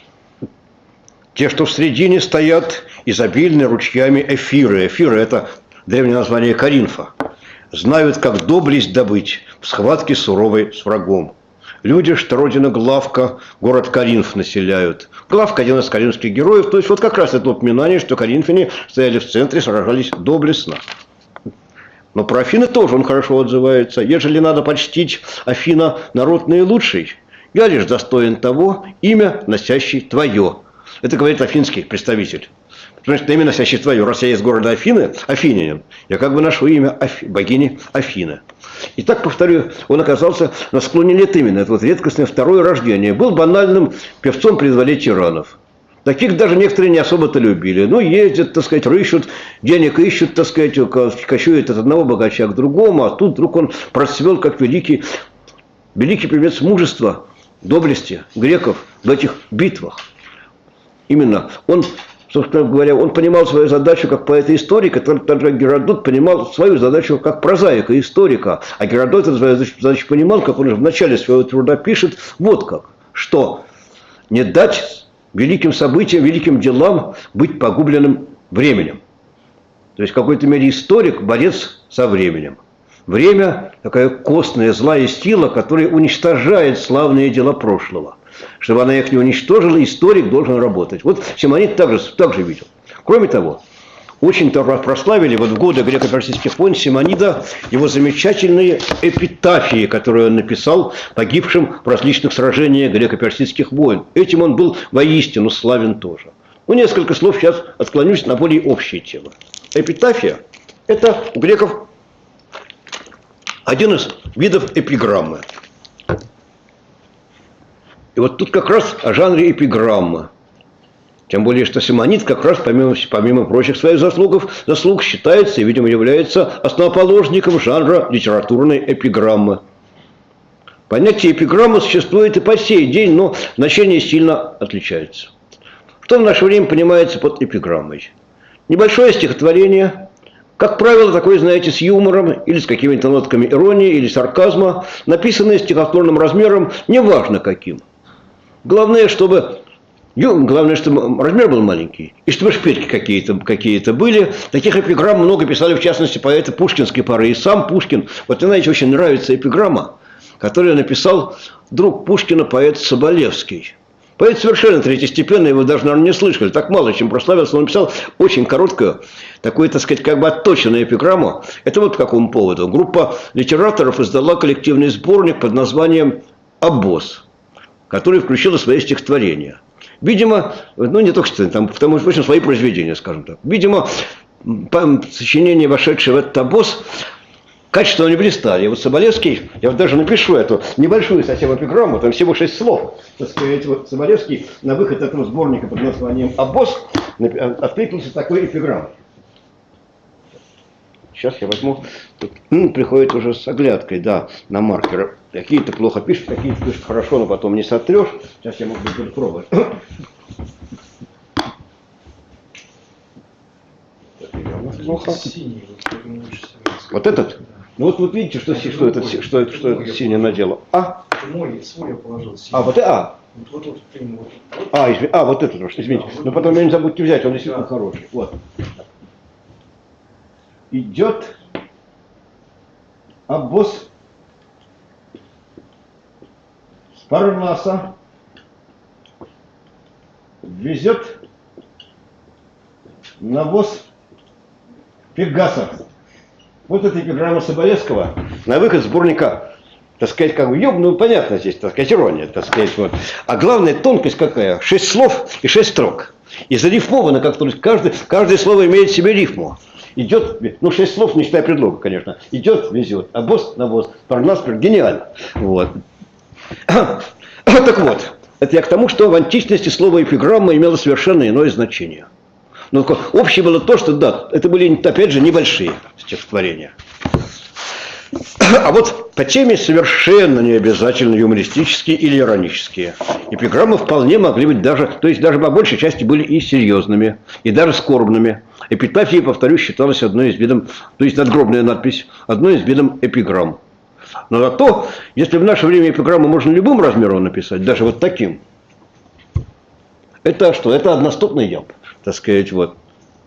те, что в середине стоят изобильны ручьями Эфиры. Эфиры – это древнее название Коринфа. Знают, как доблесть добыть в схватке суровой с врагом. Люди, что родина Главка, город Коринф населяют. Главка – один из коринфских героев. То есть вот как раз это упоминание, что коринфяне стояли в центре, сражались доблестно. Но про Афины тоже он хорошо отзывается. Ежели надо почтить Афина народ наилучший, я лишь достоин того, имя, носящий твое. Это говорит афинский представитель. Потому что имя, носящий твое, раз я из города Афины, афинянин, я как бы ношу имя богини Афины. И так, повторю, он оказался на склоне лет именно. Это вот редкостное второе рождение. Был банальным певцом при дворе тиранов. Таких даже некоторые не особо-то любили. Ну, ездят, так сказать, рыщут, денег ищут, так сказать, кочуют от одного богача к другому, а тут вдруг он процвел как великий певец мужества, доблести греков в этих битвах. Именно он, собственно говоря, он понимал свою задачу как поэта-историка, также Геродот понимал свою задачу как прозаика-историка. А Геродот эту свою задачу понимал, как он уже в начале своего труда пишет, вот как, что не дать великим событиям, великим делам быть погубленным временем. То есть в какой-то мере историк – борец со временем. Время – такая костная злая сила, которая уничтожает славные дела прошлого. Чтобы она их не уничтожила, историк должен работать. Вот Симонид также видел. Кроме того, очень-то прославили вот в годы греко-персидских войн Симонида его замечательные эпитафии, которые он написал погибшим в различных сражениях греко-персидских войн. Этим он был воистину славен тоже. Ну, несколько слов сейчас отклонюсь на более общие темы. Эпитафия – это у греков один из видов эпиграммы. И вот тут как раз о жанре эпиграммы. Тем более, что Симонид как раз, помимо прочих своих заслуг считается и, видимо, является основоположником жанра литературной эпиграммы. Понятие эпиграммы существует и по сей день, но значение сильно отличается. Что в наше время понимается под эпиграммой? Небольшое стихотворение, как правило, такое, знаете, с юмором или с какими-то нотками иронии или сарказма, написанное стихотворным размером, неважно каким. Главное, чтобы размер был маленький, и чтобы шпильки какие-то были. Таких эпиграмм много писали, в частности, поэты пушкинской поры. И сам Пушкин, вот, знаете, очень нравится эпиграмма, которую написал друг Пушкина, поэт Соболевский. Поэт совершенно третьестепенный, его даже, наверное, не слышали. Так мало чем прославился. Он написал очень короткую, такую, так сказать, как бы отточенную эпиграмму. Это вот по какому поводу. Группа литераторов издала коллективный сборник под названием «Обоз», который включил свои стихотворения. Видимо, ну не только что, там, потому что, в общем, свои произведения, скажем так. Видимо, сочинения, вошедшие в этот обоз, качественно не блистали. И вот Соболевский, я вот даже напишу эту небольшую совсем эпиграмму, там всего 6 слов. Так сказать, вот Соболевский на выход этого сборника под названием «Обоз» откликнулся такой эпиграммой. Сейчас я возьму, тут, приходит уже с оглядкой, да, на маркер. Какие-то плохо пишут, какие-то пишут хорошо, но потом не сотрешь. Сейчас я, может быть, буду пробовать. Плохо. Вот этот? Ну вот видите, что это синий надело. Свой я положил. Вот этот, извините. Но потом не забудьте взять, он действительно хороший. Вот. Идет обоз с Парнаса, везет навоз Пегаса. Вот эта эпиграмма Соболевского на выход сборника, так сказать, как бы, ну понятно здесь, так сказать, ирония, так сказать, вот. А главная тонкость какая? 6 слов и 6 строк. И зарифмовано, как то есть каждое слово имеет в себе рифму. Идет, ну 6 слов, не считая предлога, конечно. Идет, везет, обоз, навоз, Парнас, гениально. Вот. Так вот, это я к тому, что в античности слово эпиграмма имело совершенно иное значение. Но общее было то, что да, это были, опять же, небольшие стихотворения. А вот по теме совершенно не обязательно юмористические или иронические. Эпиграммы вполне могли быть даже, то есть даже по большей части были и серьезными, и даже скорбными. Эпитафия, повторюсь, считалась одной из видов, то есть надгробная надпись, одной из видов эпиграмм. Но зато, если в наше время эпиграмму можно любым размером написать, даже вот таким, это что? Это одностопный ямб, так сказать, вот.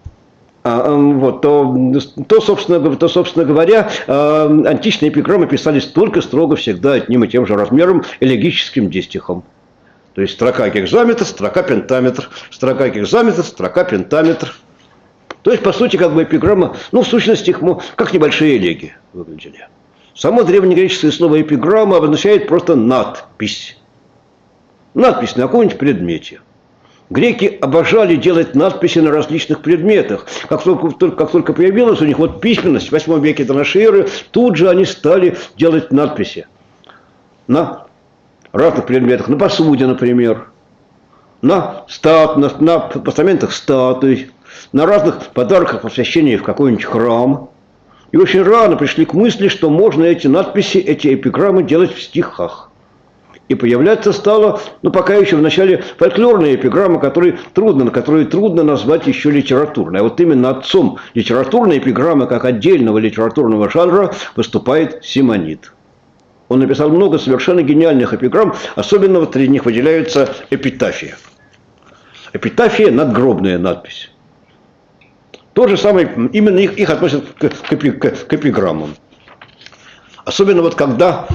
То, собственно говоря, античные эпиграммы писались только строго всегда одним и тем же размером, элегическим дистихом. То есть строка гекзаметр, строка пентаметр, строка гекзаметр, строка пентаметр. То есть, по сути, как бы эпиграмма, ну, в сущности, их как небольшие элегии выглядели. Само древнегреческое слово эпиграмма обозначает просто надпись. Надпись на каком-нибудь предмете. Греки обожали делать надписи на различных предметах. Как только появилась у них вот письменность в 8 веке до нашей эры, тут же они стали делать надписи на разных предметах. На посуде, например, на постаментах статуй, на разных подарках посвящения в какой-нибудь храм. И очень рано пришли к мысли, что можно эти надписи, эти эпиграммы делать в стихах. И появляться стало, ну, пока еще в начале фольклорные эпиграммы, которые трудно назвать еще литературной. А вот именно отцом литературной эпиграммы, как отдельного литературного жанра, выступает Симонид. Он написал много совершенно гениальных эпиграмм, особенно вот среди них выделяются эпитафия. Эпитафия – надгробная надпись. То же самое, именно их относят к эпиграммам. Особенно вот когда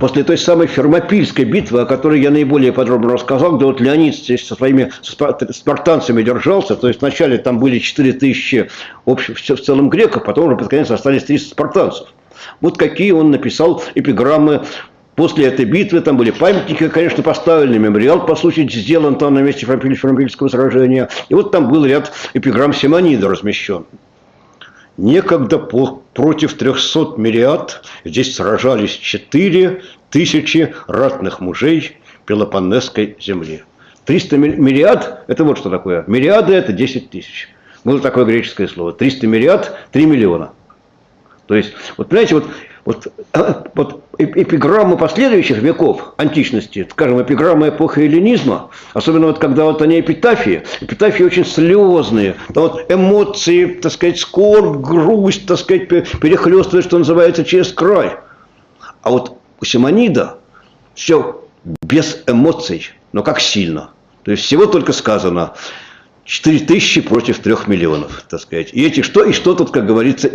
после той самой Фермопильской битвы, о которой я наиболее подробно рассказал, где вот Леонид здесь со своими спартанцами держался, то есть вначале там были 4000 в целом греков, потом уже под конец остались 300 спартанцев. Вот какие он написал эпиграммы после этой битвы. Там были памятники, конечно, поставлены, мемориал, по сути, сделан там на месте Фермопильского сражения. И вот там был ряд эпиграмм Симонида размещен. Некогда против 300 мириад здесь сражались 4000 ратных мужей Пелопоннесской земли. 300 мириад – это вот что такое. Мириады – это 10 тысяч. Было такое греческое слово. 300 мириад – 3 миллиона. То есть, вот понимаете, вот эпиграммы последующих веков античности, скажем, эпиграммы эпохи эллинизма, особенно вот когда вот они эпитафии очень слезные, там вот эмоции, так сказать, скорбь, грусть, так сказать, перехлестывает, что называется, через край. А вот у Симонида все без эмоций, но как сильно. То есть всего только сказано 4000 против 3 миллионов, так сказать. И что тут, как говорится,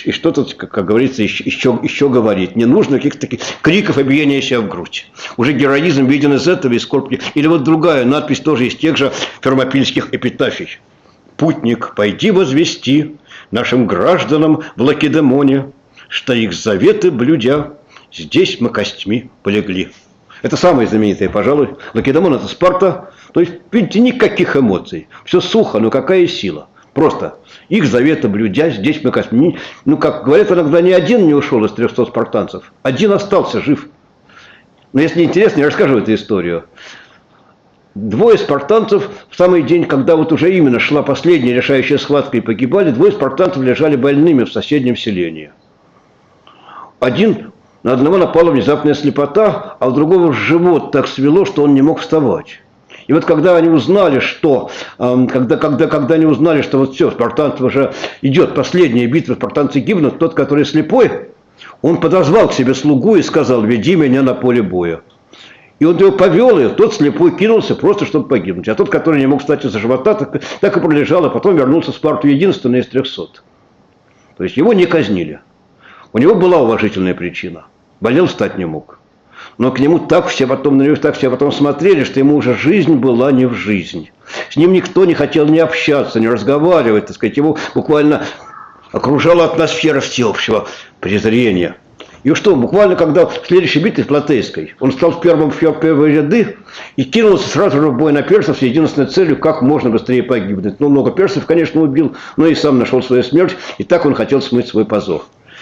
еще говорить? Не нужно каких-то таких криков и биения себя в грудь. Уже героизм виден из этого, из скорбки. Или вот другая надпись тоже из тех же фермопильских эпитафий. «Путник, пойди возвести нашим гражданам в Лакедемоне, что их заветы блюдя, здесь мы костьми полегли». Это самое знаменитое, пожалуй. Лакедемон – это Спарта. То есть, видите, никаких эмоций. Все сухо, но какая сила. Просто их заветы блюдя, здесь мы костьми. Ну, как говорят, иногда ни один не ушел из 300 спартанцев. Один остался жив. Но если интересно, я расскажу эту историю. 2 спартанцев в самый день, когда вот уже именно шла последняя решающая схватка и погибали, 2 спартанцев лежали больными в соседнем селении. На одного напала внезапная слепота, а у другого живот так свело, что он не мог вставать. И вот когда они узнали, что, когда они узнали, что вот все, спартанцев уже идет последняя битва, спартанцы гибнут, тот, который слепой, он подозвал к себе слугу и сказал: «Веди меня на поле боя». И он его повел, и тот слепой кинулся просто, чтобы погибнуть. А тот, который не мог встать из-за живота, так и пролежал, а потом вернулся в Спарту единственный из 300. То есть его не казнили. У него была уважительная причина. Болел, встать не мог. Но к нему так все потом смотрели, что ему уже жизнь была не в жизнь. С ним никто не хотел ни общаться, ни разговаривать, так сказать. Его буквально окружала атмосфера всеобщего презрения. И что, буквально когда в следующей битве Платейской он стал в первые ряды и кинулся сразу же в бой на персов с единственной целью, как можно быстрее погибнуть. Ну, много персов, конечно, убил, но и сам нашел свою смерть, и так он хотел смыть свой позор.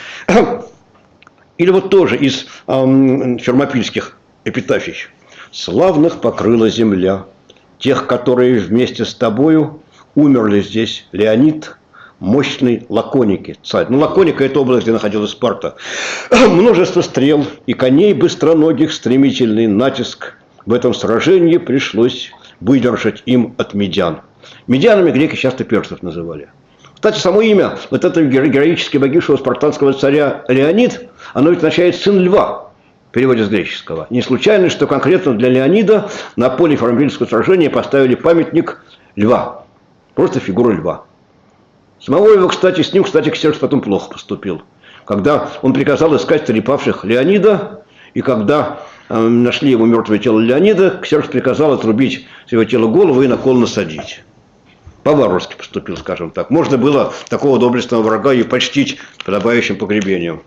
Или вот тоже из фермопильских эпитафий. «Славных покрыла земля, тех, которые вместе с тобою умерли здесь Леонид, мощный Лаконики, царь». Ну, Лаконика – это область, где находилась Спарта. Множество стрел и коней быстроногих, стремительный натиск. В этом сражении пришлось выдержать им от медян. Медянами греки часто персов называли. Кстати, само имя вот этого героически погибшего спартанского царя Леонид, оно ведь означает «сын льва» в переводе с греческого. Не случайно, что конкретно для Леонида на поле Фермопильского сражения поставили памятник льва. Просто фигуру льва. Самого его, с ним, Ксеркс потом плохо поступил. Когда он приказал искать трепавших Леонида, и когда нашли его мертвое тело Леонида, Ксеркс приказал отрубить с его тела голову и на кол насадить. По-варварски поступил, скажем так. Можно было такого доблестного врага и почтить подобающим погребением.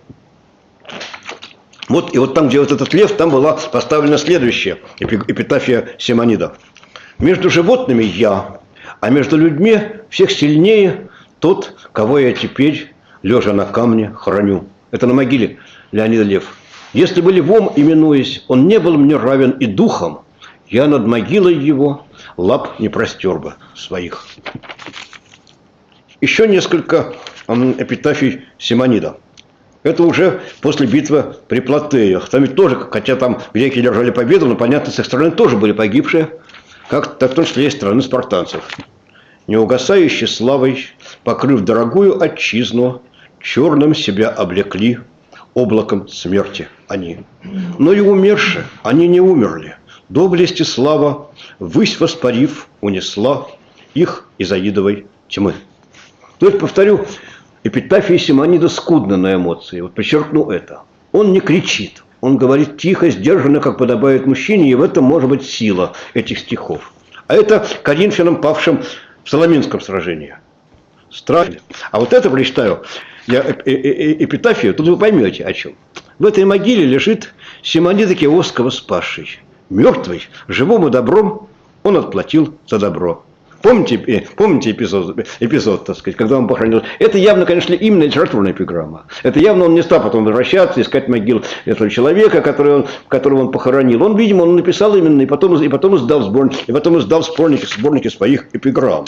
Вот, и вот там, где вот этот лев, там была поставлена следующая эпитафия Симонида. «Между животными я, а между людьми всех сильнее тот, кого я теперь, лежа на камне, храню». Это на могиле Леонида Лев. «Если бы львом именуясь, он не был мне равен и духом, я над могилой его лап не простер бы своих». Еще несколько эпитафий Симонида. Это уже после битвы при Платеях. Там ведь тоже, хотя там греки держали победу, но, понятно, с их стороны тоже были погибшие, как в том числе и стороны спартанцев. «Неугасающей славой, покрыв дорогую отчизну, черным себя облекли, облаком смерти они. Но и умерши, они не умерли. Доблесть и слава, ввысь воспарив, унесла их из аидовой тьмы». То есть, повторю, эпитафия Симонида скудна на эмоции. Вот подчеркну это. Он не кричит, Он говорит тихо, сдержанно, как подобает мужчине, и в этом может быть сила этих стихов. А это коринфянам, павшим в Соломинском сражении. Страшно. А вот это прочитаю, я эпитафию, тут вы поймете о чем. В этой могиле лежит Симонида Киосского спасший. Мертвый, живому добром он отплатил за добро. Помните эпизод, так сказать, когда он похоронил? Это явно, конечно, именно литературная эпиграмма. Это явно он не стал потом возвращаться, искать могилу этого человека, которого он похоронил. Он, видимо, он написал именно, и потом издал сборники своих эпиграмм.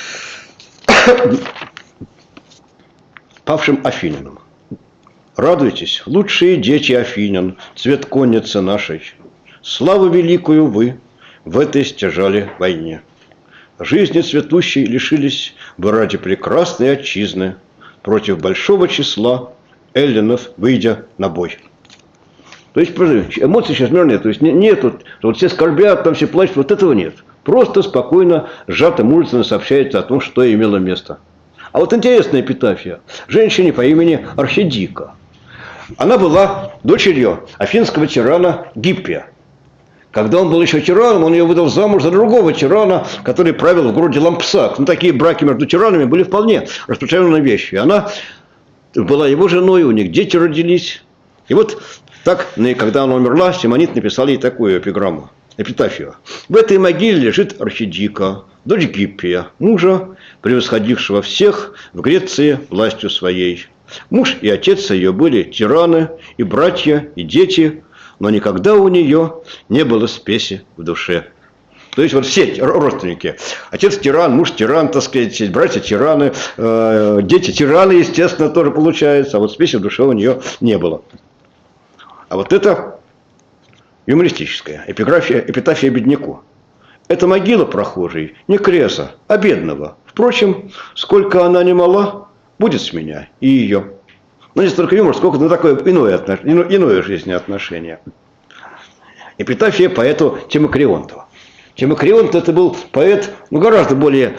Павшим афинянам. Радуйтесь, лучшие дети афинян, цвет конницы нашей. Славу великую вы в этой стяжали войне. Жизни цветущей лишились вы ради прекрасной отчизны, против большого числа эллинов выйдя на бой. То есть, эмоций сейчас нет, то есть нет, вот все скорбят, там все плачут, вот этого нет. Просто спокойно, сжато, мужественно сообщается о том, что имело место. А вот интересная эпитафия. Женщине по имени Архидика. Она была дочерью афинского тирана Гиппия. Когда он был еще тираном, он ее выдал замуж за другого тирана, который правил в городе Лампсак. Ну, такие браки между тиранами были вполне распространенной вещью. Она была его женой, у них дети родились. И вот так, когда она умерла, Симонид написал ей такую эпиграмму, эпитафию. В этой могиле лежит Архидика, дочь Гиппия, мужа, превосходившего всех в Греции властью своей. Муж и отец ее были тираны, и братья, и дети, но никогда у нее не было спеси в душе. То есть вот все родственники. Отец тиран, муж тиран, так сказать, братья тираны, дети тираны, естественно, тоже получается. А вот спеси в душе у нее не было. А вот это юмористическая эпитафия бедняку. Это могила прохожей, не креса, а бедного. Впрочем, сколько она не мала, будет с меня и ее. Но не столько юмор, сколько такое иное жизнеотношение. Эпитафия поэту Тимокрионту. Тимокрионт это был поэт гораздо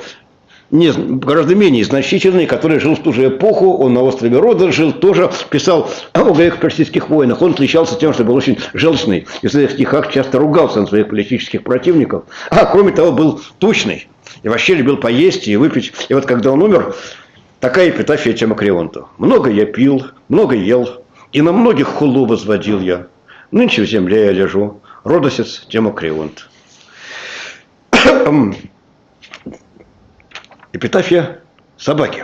менее значительный, который жил в ту же эпоху, он на острове Рода жил, тоже писал о греко-персидских войнах. Он отличался тем, что был очень желчный, и в своих стихах часто ругался на своих политических противников, а кроме того был тучный, и вообще любил поесть и выпить. И вот когда он умер, такая эпитафия Тимокрионту. Много я пил, много ел, и на многих хулу возводил я. Нынче в земле я лежу, родосец Тимокрионт. Эпитафия собаки.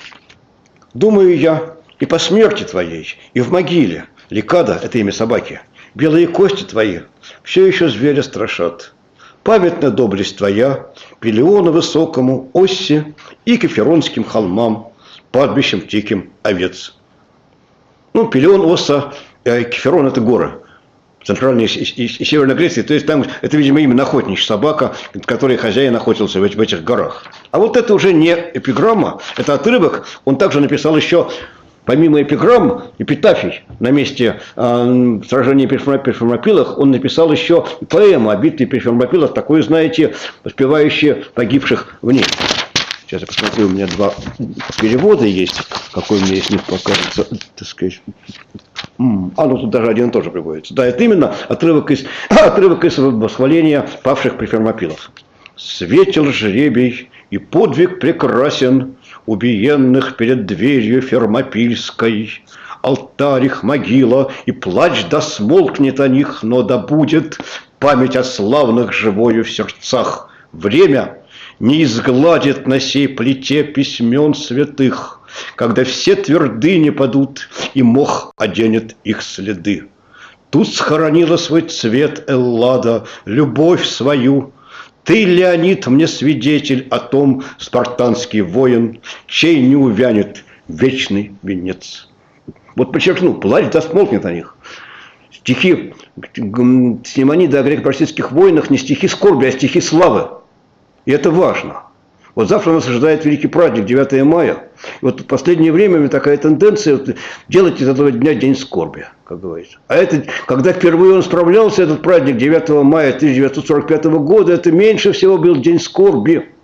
Думаю я, и по смерти твоей, и в могиле, Ликада, это имя собаки, белые кости твои все еще зверя страшат. Памятна доблесть твоя Пелеону высокому, Оссе и Кеферонским холмам, пастбищем диким овец. Ну, Пелеон, Осса, Кеферон – это горы. Центральной и Северной Греции, то есть там это, видимо, именно охотничья собака, которой хозяин охотился в этих горах. А вот это уже не эпиграмма, это отрывок. Он также написал еще, помимо эпиграмм, эпитафий на месте сражения при Фермопилах, он написал еще поэму о битве при Фермопилах, такую, знаете, воспевающую погибших в ней. Сейчас я посмотрю, у меня два перевода есть, какой у меня из них покажется, так сказать. Ну тут даже один тоже приводится. Да, это именно отрывок из восхваления павших при Фермопилах. «Светил жребий, и подвиг прекрасен убиенных перед дверью Фермопильской. Алтарь их могила, и плач да смолкнет о них, но да будет память о славных живою в сердцах. Время не изгладит на сей плите письмен святых, когда все твердыни падут, и мох оденет их следы. Тут схоронила свой цвет Эллада, любовь свою. Ты, Леонид, мне свидетель о том, спартанский воин, чей не увянет вечный венец». Вот подчеркну, плач да смолкнет о них. Стихи Симонида о греко-персидских войнах не стихи скорби, а стихи славы. И это важно. Вот завтра нас ожидает великий праздник, 9 мая. И вот в последнее время у меня такая тенденция делать из этого дня день скорби, как говорится. А это, когда впервые он справлялся, этот праздник 9 мая 1945 года, это меньше всего был день скорби.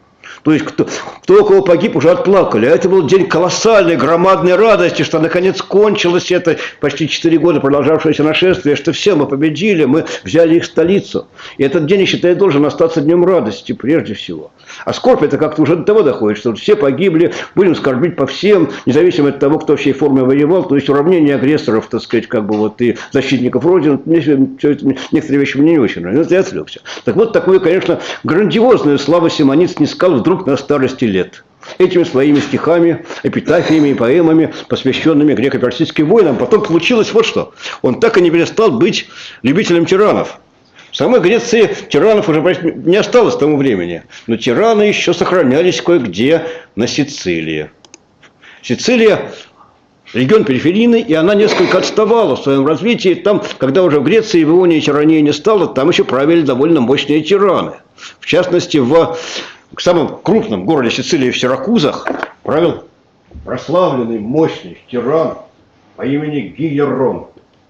То есть кто у кого погиб, уже отплакали. А это был день колоссальной, громадной радости, что наконец кончилось это почти 4 года продолжавшееся нашествие, что все, мы победили, мы взяли их столицу. И этот день, я считаю, должен остаться днем радости прежде всего. А скорбь это как-то уже до того доходит, что все погибли, будем скорбить по всем, независимо от того, кто в чьей форме воевал, то есть уравнение агрессоров, так сказать, как бы вот и защитников Родины. Некоторые вещи мне не очень нравятся, я отвлекся. Так вот, такую, конечно, грандиозную славу Симонид снискал вдруг на старости лет. Этими своими стихами, эпитафиями и поэмами, посвященными греко-персидским войнам. Потом получилось вот что. Он так и не перестал быть любителем тиранов. В самой Греции тиранов уже не осталось к тому времени. Но тираны еще сохранялись кое-где на Сицилии. Сицилия – регион периферийный, и она несколько отставала в своем развитии. Там, когда уже в Греции и в Ионии тирании не стало, там еще правили довольно мощные тираны. В частности, в самом крупном городе Сицилии, в Сиракузах, правил прославленный, мощный тиран по имени Гиерон.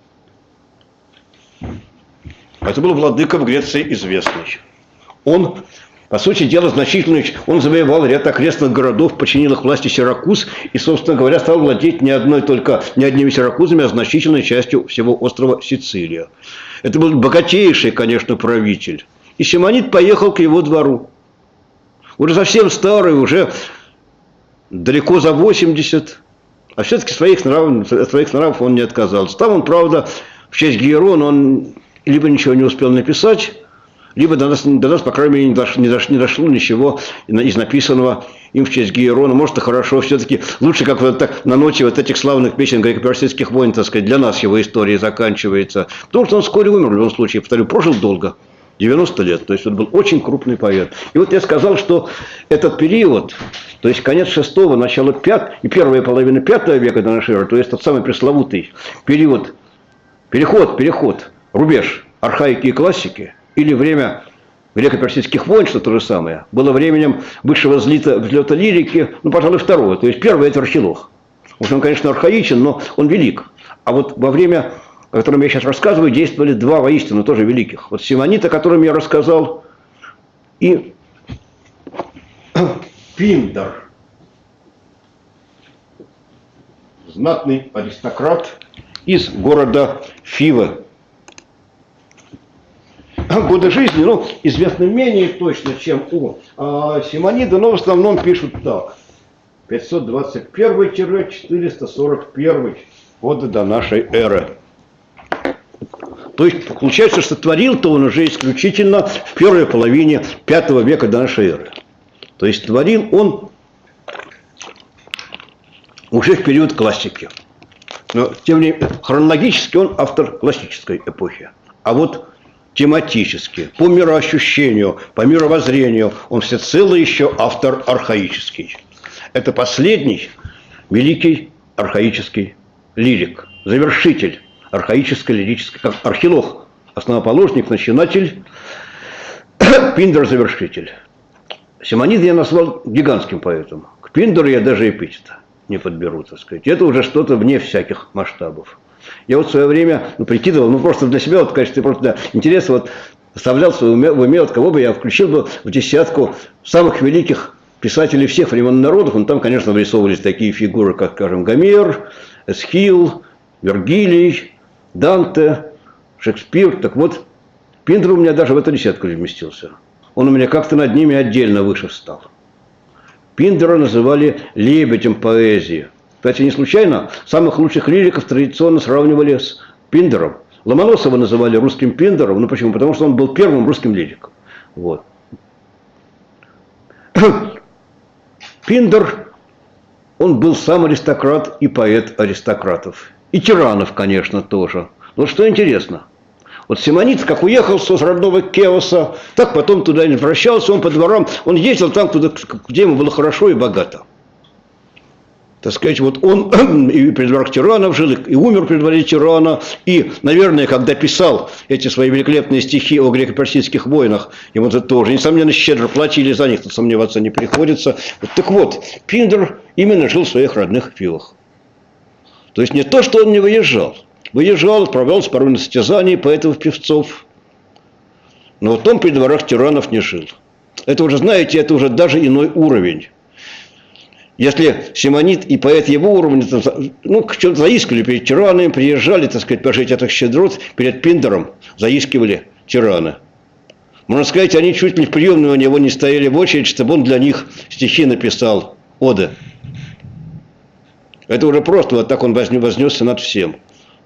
Это был владыка в Греции известный. Он, по сути дела, значительный, он завоевал ряд окрестных городов, подчинил их власти Сиракуз и, собственно говоря, стал владеть не одними Сиракузами, а значительной частью всего острова Сицилия. Это был богатейший, конечно, правитель. И Симонид поехал к его двору. Уже совсем старый, уже далеко за 80, а все-таки от своих нравов он не отказался. Там он, правда, в честь Гиерона он либо ничего не успел написать, либо до нас по крайней мере, не дошло ничего из написанного им в честь Гиерона. Может, и хорошо, все-таки лучше, как вот так на ноте вот этих славных песен греко-персидских войн, так сказать, для нас его история заканчивается. Потому что он вскоре умер, в любом случае, повторю, прожил долго. 90 лет, то есть он был очень крупный поэт. И вот я сказал, что этот период, то есть конец 6-го, начало 5 и первая половина 5 века до нашей эры, то есть тот самый пресловутый период, переход, рубеж архаики и классики, или время греко-персидских войн, что то же самое, было временем высшего взлета лирики, ну, пожалуй, второго. То есть первый – это Архилох. Уж он, конечно, архаичен, но он велик. А вот во время, о котором я сейчас рассказываю, действовали два воистину тоже великих. Вот Симонид, о котором я рассказал, и Пиндар, знатный аристократ из города Фивы. Годы жизни, ну, известны менее точно, чем у Симонида, но в основном пишут так. 521-441 годы до нашей эры. То есть, получается, что творил-то он уже исключительно в первой половине 5 века до нашей эры. То есть, творил он уже в период классики. Но, тем не менее, хронологически он автор классической эпохи. А вот тематически, по мироощущению, по мировоззрению, он всецело еще автор архаический. Это последний великий архаический лирик, завершитель архаической лирической, как Архилох, основоположник, начинатель, Пиндар завершитель. Симонида я назвал гигантским поэтом. К Пиндару я даже эпитета не подберу, так сказать. Это уже что-то вне всяких масштабов. Я вот в свое время прикидывал, просто для себя, вот в качестве просто интереса, вот оставлял в уме, вот кого бы я включил бы в десятку самых великих писателей всех времен народов. Там, конечно, вырисовывались такие фигуры, как, скажем, Гомер, Эсхил, Вергилий, Данте, Шекспир. Так вот, Пиндар у меня даже в эту десятку не вместился. Он у меня как-то над ними отдельно выше встал. Пиндара называли лебедем поэзии. Кстати, не случайно самых лучших лириков традиционно сравнивали с Пиндаром. Ломоносова называли русским Пиндаром. Ну почему? Потому что он был первым русским лириком. Вот. Пиндар, он был сам аристократ и поэт аристократов. И тиранов, конечно, тоже. Но что интересно, вот Симонид, как уехал с родного Кеоса, так потом туда не возвращался, он по дворам, он ездил там, где ему было хорошо и богато. Так сказать, вот он и при дворах тиранов жил, и умер при дворе тирана, и, наверное, когда писал эти свои великолепные стихи о греко-персидских войнах, ему это тоже, несомненно, щедро платили за них, тут сомневаться не приходится. Вот, так вот, Пиндар именно жил в своих родных Фивах. То есть не то, что он не выезжал. Выезжал, отправлялся порой на состязания поэтов-певцов, но вот он при дворах тиранов не жил. Это уже, знаете, это уже даже иной уровень. Если симонит и поэт его уровня, ну, что-то заискивали перед тиранами, приезжали, так сказать, пожить этих щедрот, перед Пиндером заискивали тираны. Можно сказать, они чуть ли в приемную у него не стояли в очередь, чтобы он для них стихи написал, оды. Это уже просто вот так он вознесся над всем.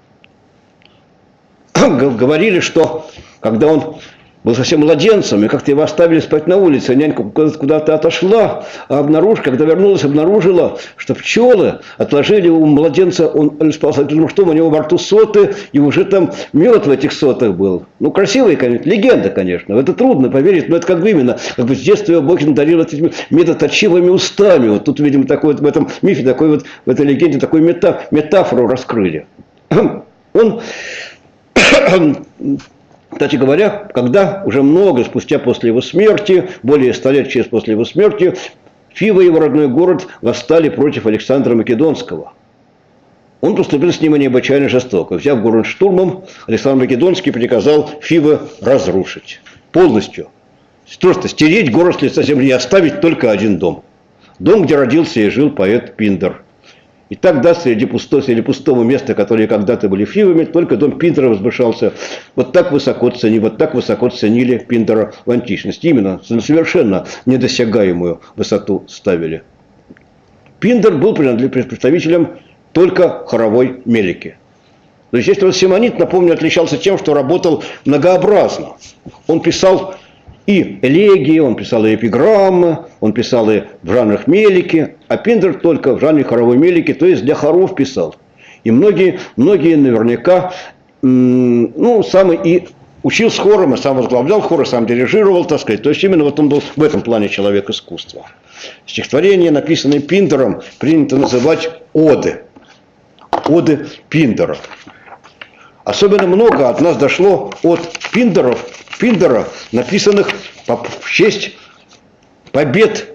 Говорили, что когда он был совсем младенцем, и как-то его оставили спать на улице, нянька куда-то отошла, а когда вернулась, обнаружила, что пчелы отложили у младенца, он спал с открытым ртом, у него во рту соты, и уже там мед в этих сотах был. Ну, красивая, конечно, легенда, конечно, в это трудно поверить, но это как бы именно, как бы с детства его Бог надарил этими медоточивыми устами. Вот тут, видимо, такой вот в этом мифе, такой вот, в этой легенде, такую метафору раскрыли. Он... Кстати говоря, когда уже много спустя после его смерти, более 100 лет через после его смерти, Фива и его родной город восстали против Александра Македонского. Он поступил с ним необычайно жестоко. Взяв город штурмом, Александр Македонский приказал Фивы разрушить. Полностью. Просто стереть город с лица земли и оставить только один дом. Дом, где родился и жил поэт Пиндер. И тогда среди пустого места, которые когда-то были Фивами, только дом Пиндера возвышался. Вот так высоко ценили Пиндера в античности. Именно на совершенно недосягаемую высоту ставили. Пиндер был представителем только хоровой мелики. То есть, если вот симонит, напомню, отличался тем, что работал многообразно. Он писал и элегии, он писал и эпиграммы, он писал и в жанрах мелики, а Пиндер только в жанре хоровой мелики, то есть для хоров писал. И многие наверняка, ну, сам и учил с хором, и сам возглавлял хор, и сам дирижировал, так сказать. То есть именно вот он был в этом плане человек искусства. Стихотворения, написанные Пиндером, принято называть оды. Оды Пиндера. Особенно много от нас дошло от Пиндера, написанных в честь побед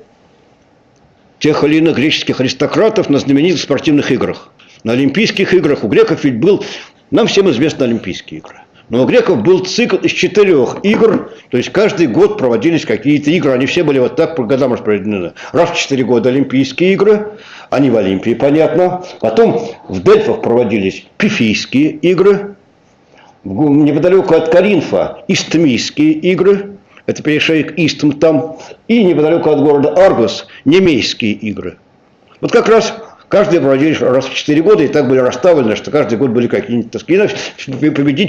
тех или иных греческих аристократов на знаменитых спортивных играх. На Олимпийских играх у греков ведь был, нам всем известны Олимпийские игры, но у греков был цикл из 4 игр, то есть каждый год проводились какие-то игры, они все были вот так по годам распределены. Раз в 4 года Олимпийские игры, они в Олимпии, понятно. Потом в Дельфах проводились Пифийские игры. Неподалеку от Коринфа Истмийские игры, это перешеек Истм там, и неподалеку от города Аргос Немейские игры. Вот как раз каждый проводились раз в 4 года, и так были расставлены, что каждый год были какие-нибудь таски. Победить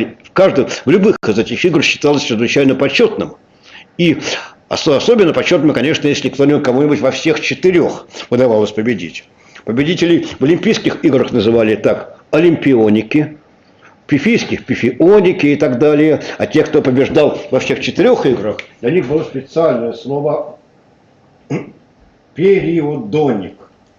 в любых из этих игр считалось чрезвычайно почетным. И особенно почетным, конечно, если кому-нибудь во всех 4 удавалось победить. Победителей в Олимпийских играх называли так олимпионики, пифийских пифионики и так далее. А те, кто побеждал во всех 4 играх, для них было специальное слово периодоник.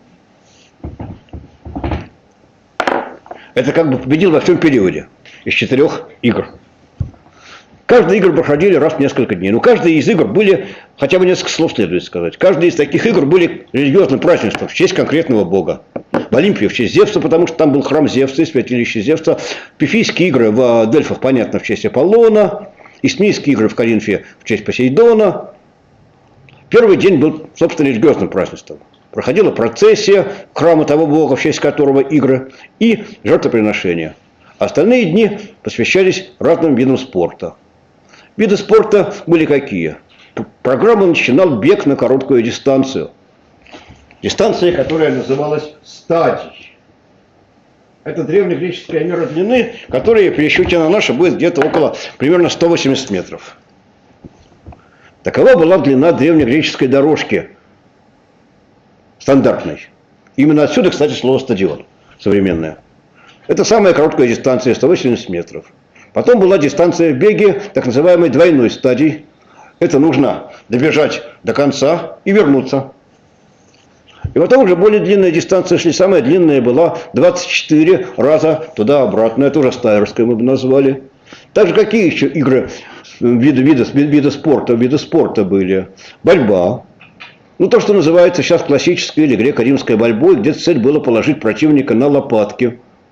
Это как бы победил во всем периоде из 4 игр. Каждые игры проходили раз в несколько дней. Но каждая из игр были, хотя бы несколько слов следует сказать, каждая из таких игр были религиозным празднеством в честь конкретного бога. В Олимпии в честь Зевса, потому что там был храм Зевса и святилище Зевса. Пифийские игры в Дельфах, понятно, в честь Аполлона. Истмийские игры в Коринфе в честь Посейдона. Первый день был, собственно, религиозным празднеством. Проходила процессия храма того бога, в честь которого игры, и жертвоприношения. Остальные дни посвящались разным видам спорта. Виды спорта были какие? Программа начинал бег на короткую дистанцию. Дистанция, которая называлась стадий. Это древнегреческая мера длины, которая в пересчете на нашу будет где-то около примерно 180 метров. Такова была длина древнегреческой дорожки, стандартной. Именно отсюда, кстати, слово стадион современное. Это самая короткая дистанция, 180 метров. Потом была дистанция в беге, так называемой двойной стадии. Это нужно добежать до конца и вернуться. И потом уже более длинная дистанция шли. Самая длинная была 24 раза туда-обратно. Это уже стайерская мы бы назвали. Также какие еще игры, виды спорта были? Борьба. Ну, то, что называется сейчас классической или греко-римской борьбой, где цель была положить противника на лопатки.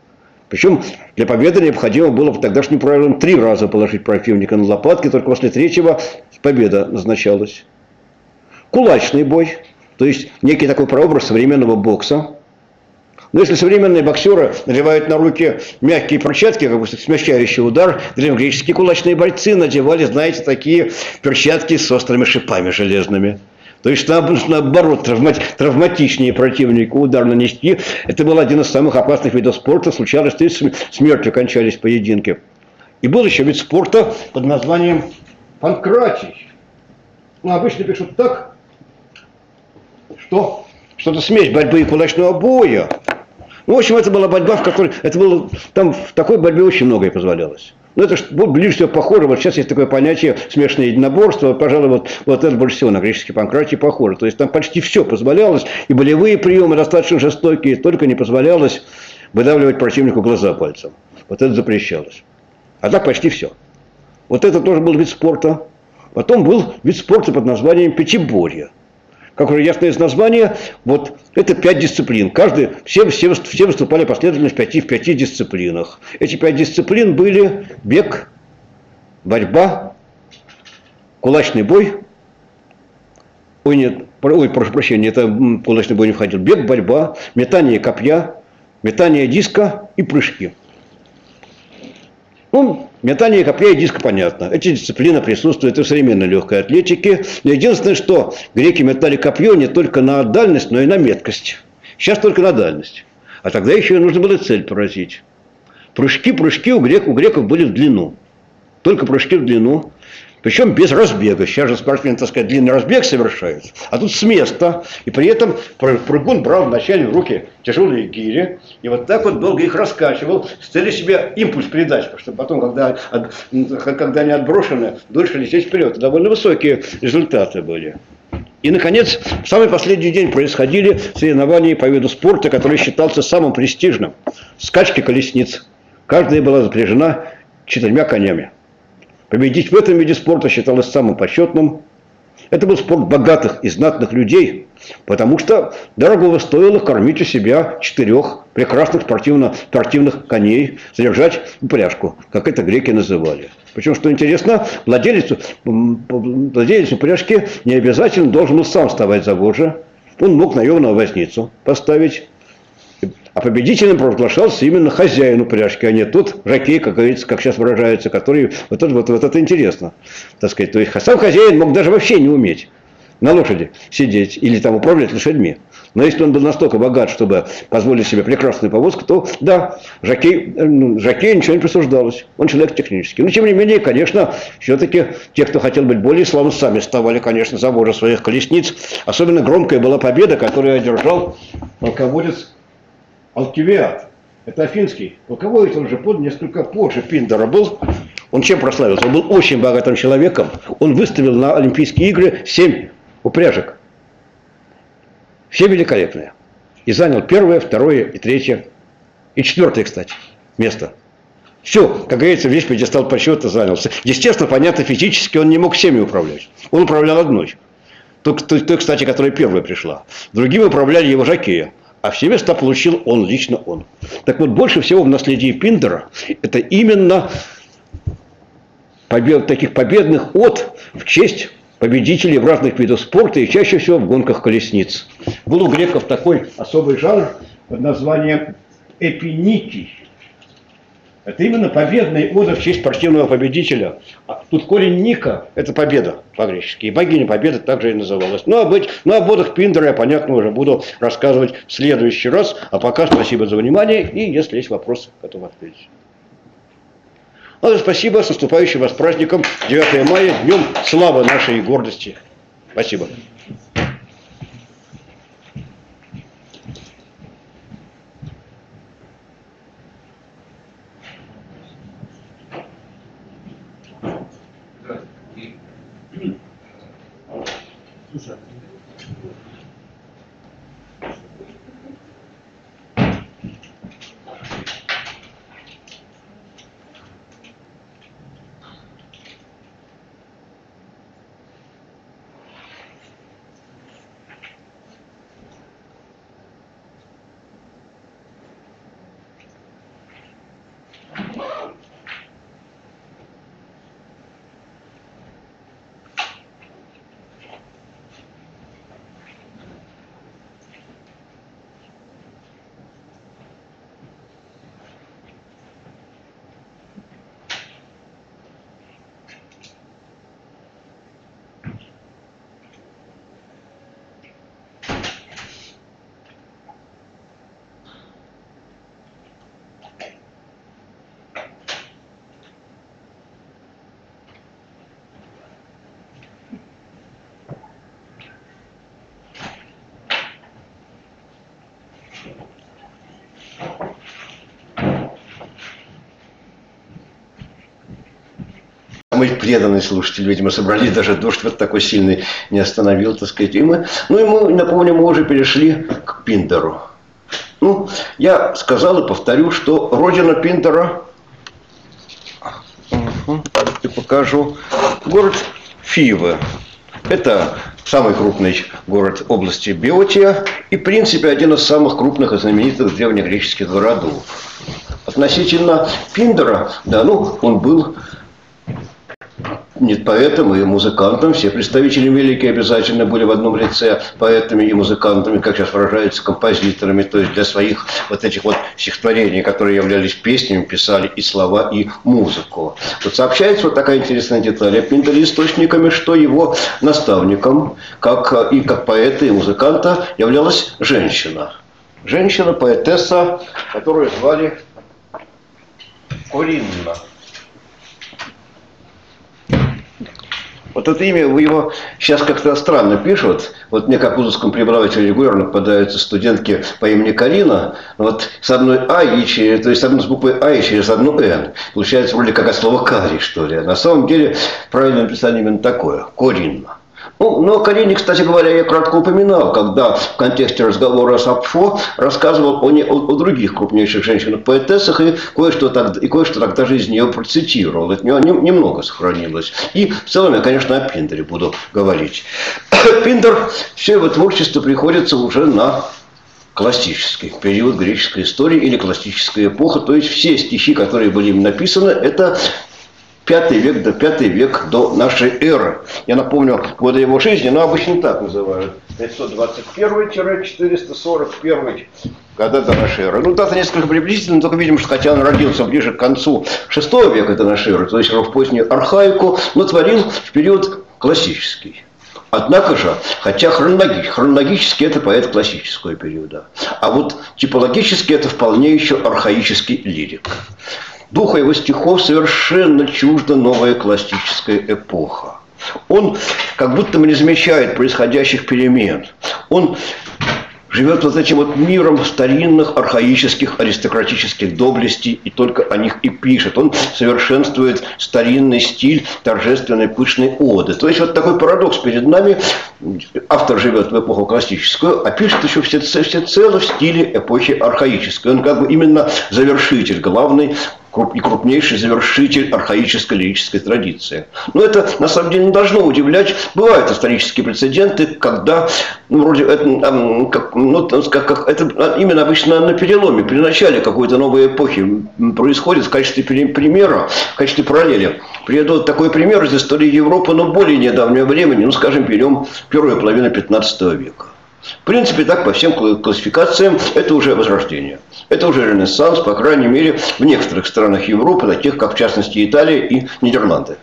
Причем для победы необходимо было по тогдашним правилам 3 раза положить противника на лопатки, только после 3-го победа назначалась. Кулачный бой, то есть некий такой прообраз современного бокса. Но если современные боксеры надевают на руки мягкие перчатки, как бы смягчающий удар, древнегреческие кулачные бойцы надевали, знаете, такие перчатки с острыми шипами железными. То есть, наоборот, травматичнее противнику удар нанести. Это был один из самых опасных видов спорта. Случалось, что смертью кончались поединки. И был еще вид спорта под названием панкратий. Ну, обычно пишут так, что это смесь борьбы и кулачного боя. Ну, в общем, это была борьба, в которой... Там в такой борьбе очень многое позволялось. Но это ближе всего похоже. Вот сейчас есть такое понятие смешанное единоборство. Пожалуй, вот это больше всего на греческой панкратии похоже. То есть там почти все позволялось. И болевые приемы достаточно жестокие. Только не позволялось выдавливать противнику глаза пальцем. Вот это запрещалось. А так почти все. Вот это тоже был вид спорта. Потом был вид спорта под названием пятиборье. Как уже ясно из названия, вот это 5 дисциплин. Все выступали последовательно в 5 дисциплинах. Эти 5 дисциплин были бег, борьба, кулачный бой. Прошу прощения, это кулачный бой не входил. Бег, борьба, метание копья, метание диска и прыжки. Ну, метание копья и диска понятно. Эти дисциплины присутствуют и в современной легкой атлетике. Но единственное, что греки метали копье не только на дальность, но и на меткость. Сейчас только на дальность. А тогда еще нужно было цель поразить. Прыжки у греков были в длину. Только прыжки в длину. Причем без разбега. Сейчас же спортсмены, так сказать, длинный разбег совершают. А тут с места. И при этом прыгун брал вначале в руки тяжелые гири. И вот так вот долго их раскачивал, с целью себе импульс передать. Чтобы потом, когда они отброшены, дольше лететь вперед. Довольно высокие результаты были. И, наконец, в самый последний день происходили соревнования по виду спорта, который считался самым престижным. Скачки колесниц. Каждая была запряжена 4 конями. Победить в этом виде спорта считалось самым почетным. Это был спорт богатых и знатных людей, потому что дорого стоило кормить у себя 4 прекрасных спортивных коней, содержать упряжку, как это греки называли. Причем, что интересно, владелец упряжки не обязательно должен был сам вставать за вожжи. Он мог наемного возницу поставить. А победителем провозглашался именно хозяин упряжки, а не тот жокей, как говорится, как сейчас выражается, который... Вот это интересно, так сказать. То есть сам хозяин мог даже вообще не уметь на лошади сидеть или там управлять лошадьми. Но если он был настолько богат, чтобы позволить себе прекрасную повозку, то да, жокею ничего не присуждалось. Он человек технический. Но тем не менее, конечно, все-таки те, кто хотел быть более славным, сами вставали, конечно, за вожжи своих колесниц. Особенно громкая была победа, которую одержал полководец Алкивиад. Это афинский полководец, он же несколько позже Пиндара был. Он чем прославился? Он был очень богатым человеком. Он выставил на Олимпийские игры 7 упряжек. Все великолепные. И занял 1-е, 2-е и 3-е. И 4-е, кстати, место. Все, как говорится, весь пьедестал почета занялся. Естественно, понятно, физически он не мог всеми управлять. Он управлял одной. Той, кстати, которая первая пришла. Другими управляли его жокеи. А все места получил лично он. Так вот, больше всего в наследии Пиндара это именно таких победных от в честь победителей в разных видах спорта и чаще всего в гонках колесниц. Был у греков такой особый жанр под названием эпиникий. Это именно победный ода в честь спортивного победителя. Тут корень Ника – это победа по-гречески. И богиня победы также и называлась. Ну, об одах Пиндара я, понятно, уже буду рассказывать в следующий раз. А пока спасибо за внимание. И если есть вопросы, готов ответить. Ну, спасибо. С наступающим вас праздником 9 мая, днем славы нашей гордости. Спасибо. Слушай, мои преданные слушатели, видимо, собрались, даже дождь вот такой сильный не остановил, так сказать. И мы, напомню, мы уже перешли к Пиндеру. Ну, я сказал и повторю, что родина Пиндера, и покажу, город Фивы. Это самый крупный город области Биотия и, в принципе, один из самых крупных и знаменитых древнегреческих городов. Относительно Пиндера, да, ну, он был нет поэтом и музыкантом. Все представители великие обязательно были в одном лице поэтами и музыкантами, как сейчас выражаются, композиторами. То есть для своих вот этих вот стихотворений, которые являлись песнями, писали и слова, и музыку. Вот сообщается вот такая интересная деталь о Пиндере источниками, что его наставником, как поэта и музыканта, являлась женщина. Женщина, поэтесса, которую звали Коринна. Вот это имя его сейчас как-то странно пишут. Вот мне, как вузовскому преподавателю, регулярно попадаются студентки по имени Карина. Вот с одной А, то есть с буквой А и через одну Н. Получается вроде как от слова кари, что ли. А на самом деле правильное написание именно такое. Коринна. Ну, но о Карине, кстати говоря, я кратко упоминал, когда в контексте разговора с Апфо рассказывал о других крупнейших женщинах-поэтессах и кое-что тогда же из нее процитировал. От нее немного сохранилось. И в целом я, конечно, о Пиндере буду говорить. Пиндер, все его творчество приходится уже на классический период греческой истории или классическая эпоха. То есть все стихи, которые были им написаны, это V век до нашей эры. Я напомню годы его жизни, но обычно так называют. 521-441 года до нашей эры. Ну, дата несколько приблизительно, только видим, что хотя он родился ближе к концу VI века до нашей эры, то есть в позднюю архаику, но творил в период классический. Однако же, хотя хронологически это поэт классического периода, а вот типологически это вполне еще архаический лирик. Духу его стихов совершенно чужда новая классическая эпоха. Он как будто бы не замечает происходящих перемен. Он живет вот этим вот миром старинных, архаических, аристократических доблестей и только о них и пишет. Он совершенствует старинный стиль торжественной пышной оды. То есть вот такой парадокс перед нами. Автор живет в эпоху классическую, а пишет еще всецело в стиле эпохи архаической. Он как бы именно завершитель, главный и крупнейший завершитель архаической лирической традиции. Но это на самом деле не должно удивлять. Бывают исторические прецеденты, когда вроде это именно обычно на переломе, при начале какой-то новой эпохи происходит в качестве примера, в качестве параллели. Приведу такой пример из истории Европы, но более недавнего времени, ну скажем, берем первую половину 15 века. В принципе, так по всем классификациям это уже возрождение. Это уже Ренессанс, по крайней мере, в некоторых странах Европы, таких как, в частности, Италия и Нидерланды.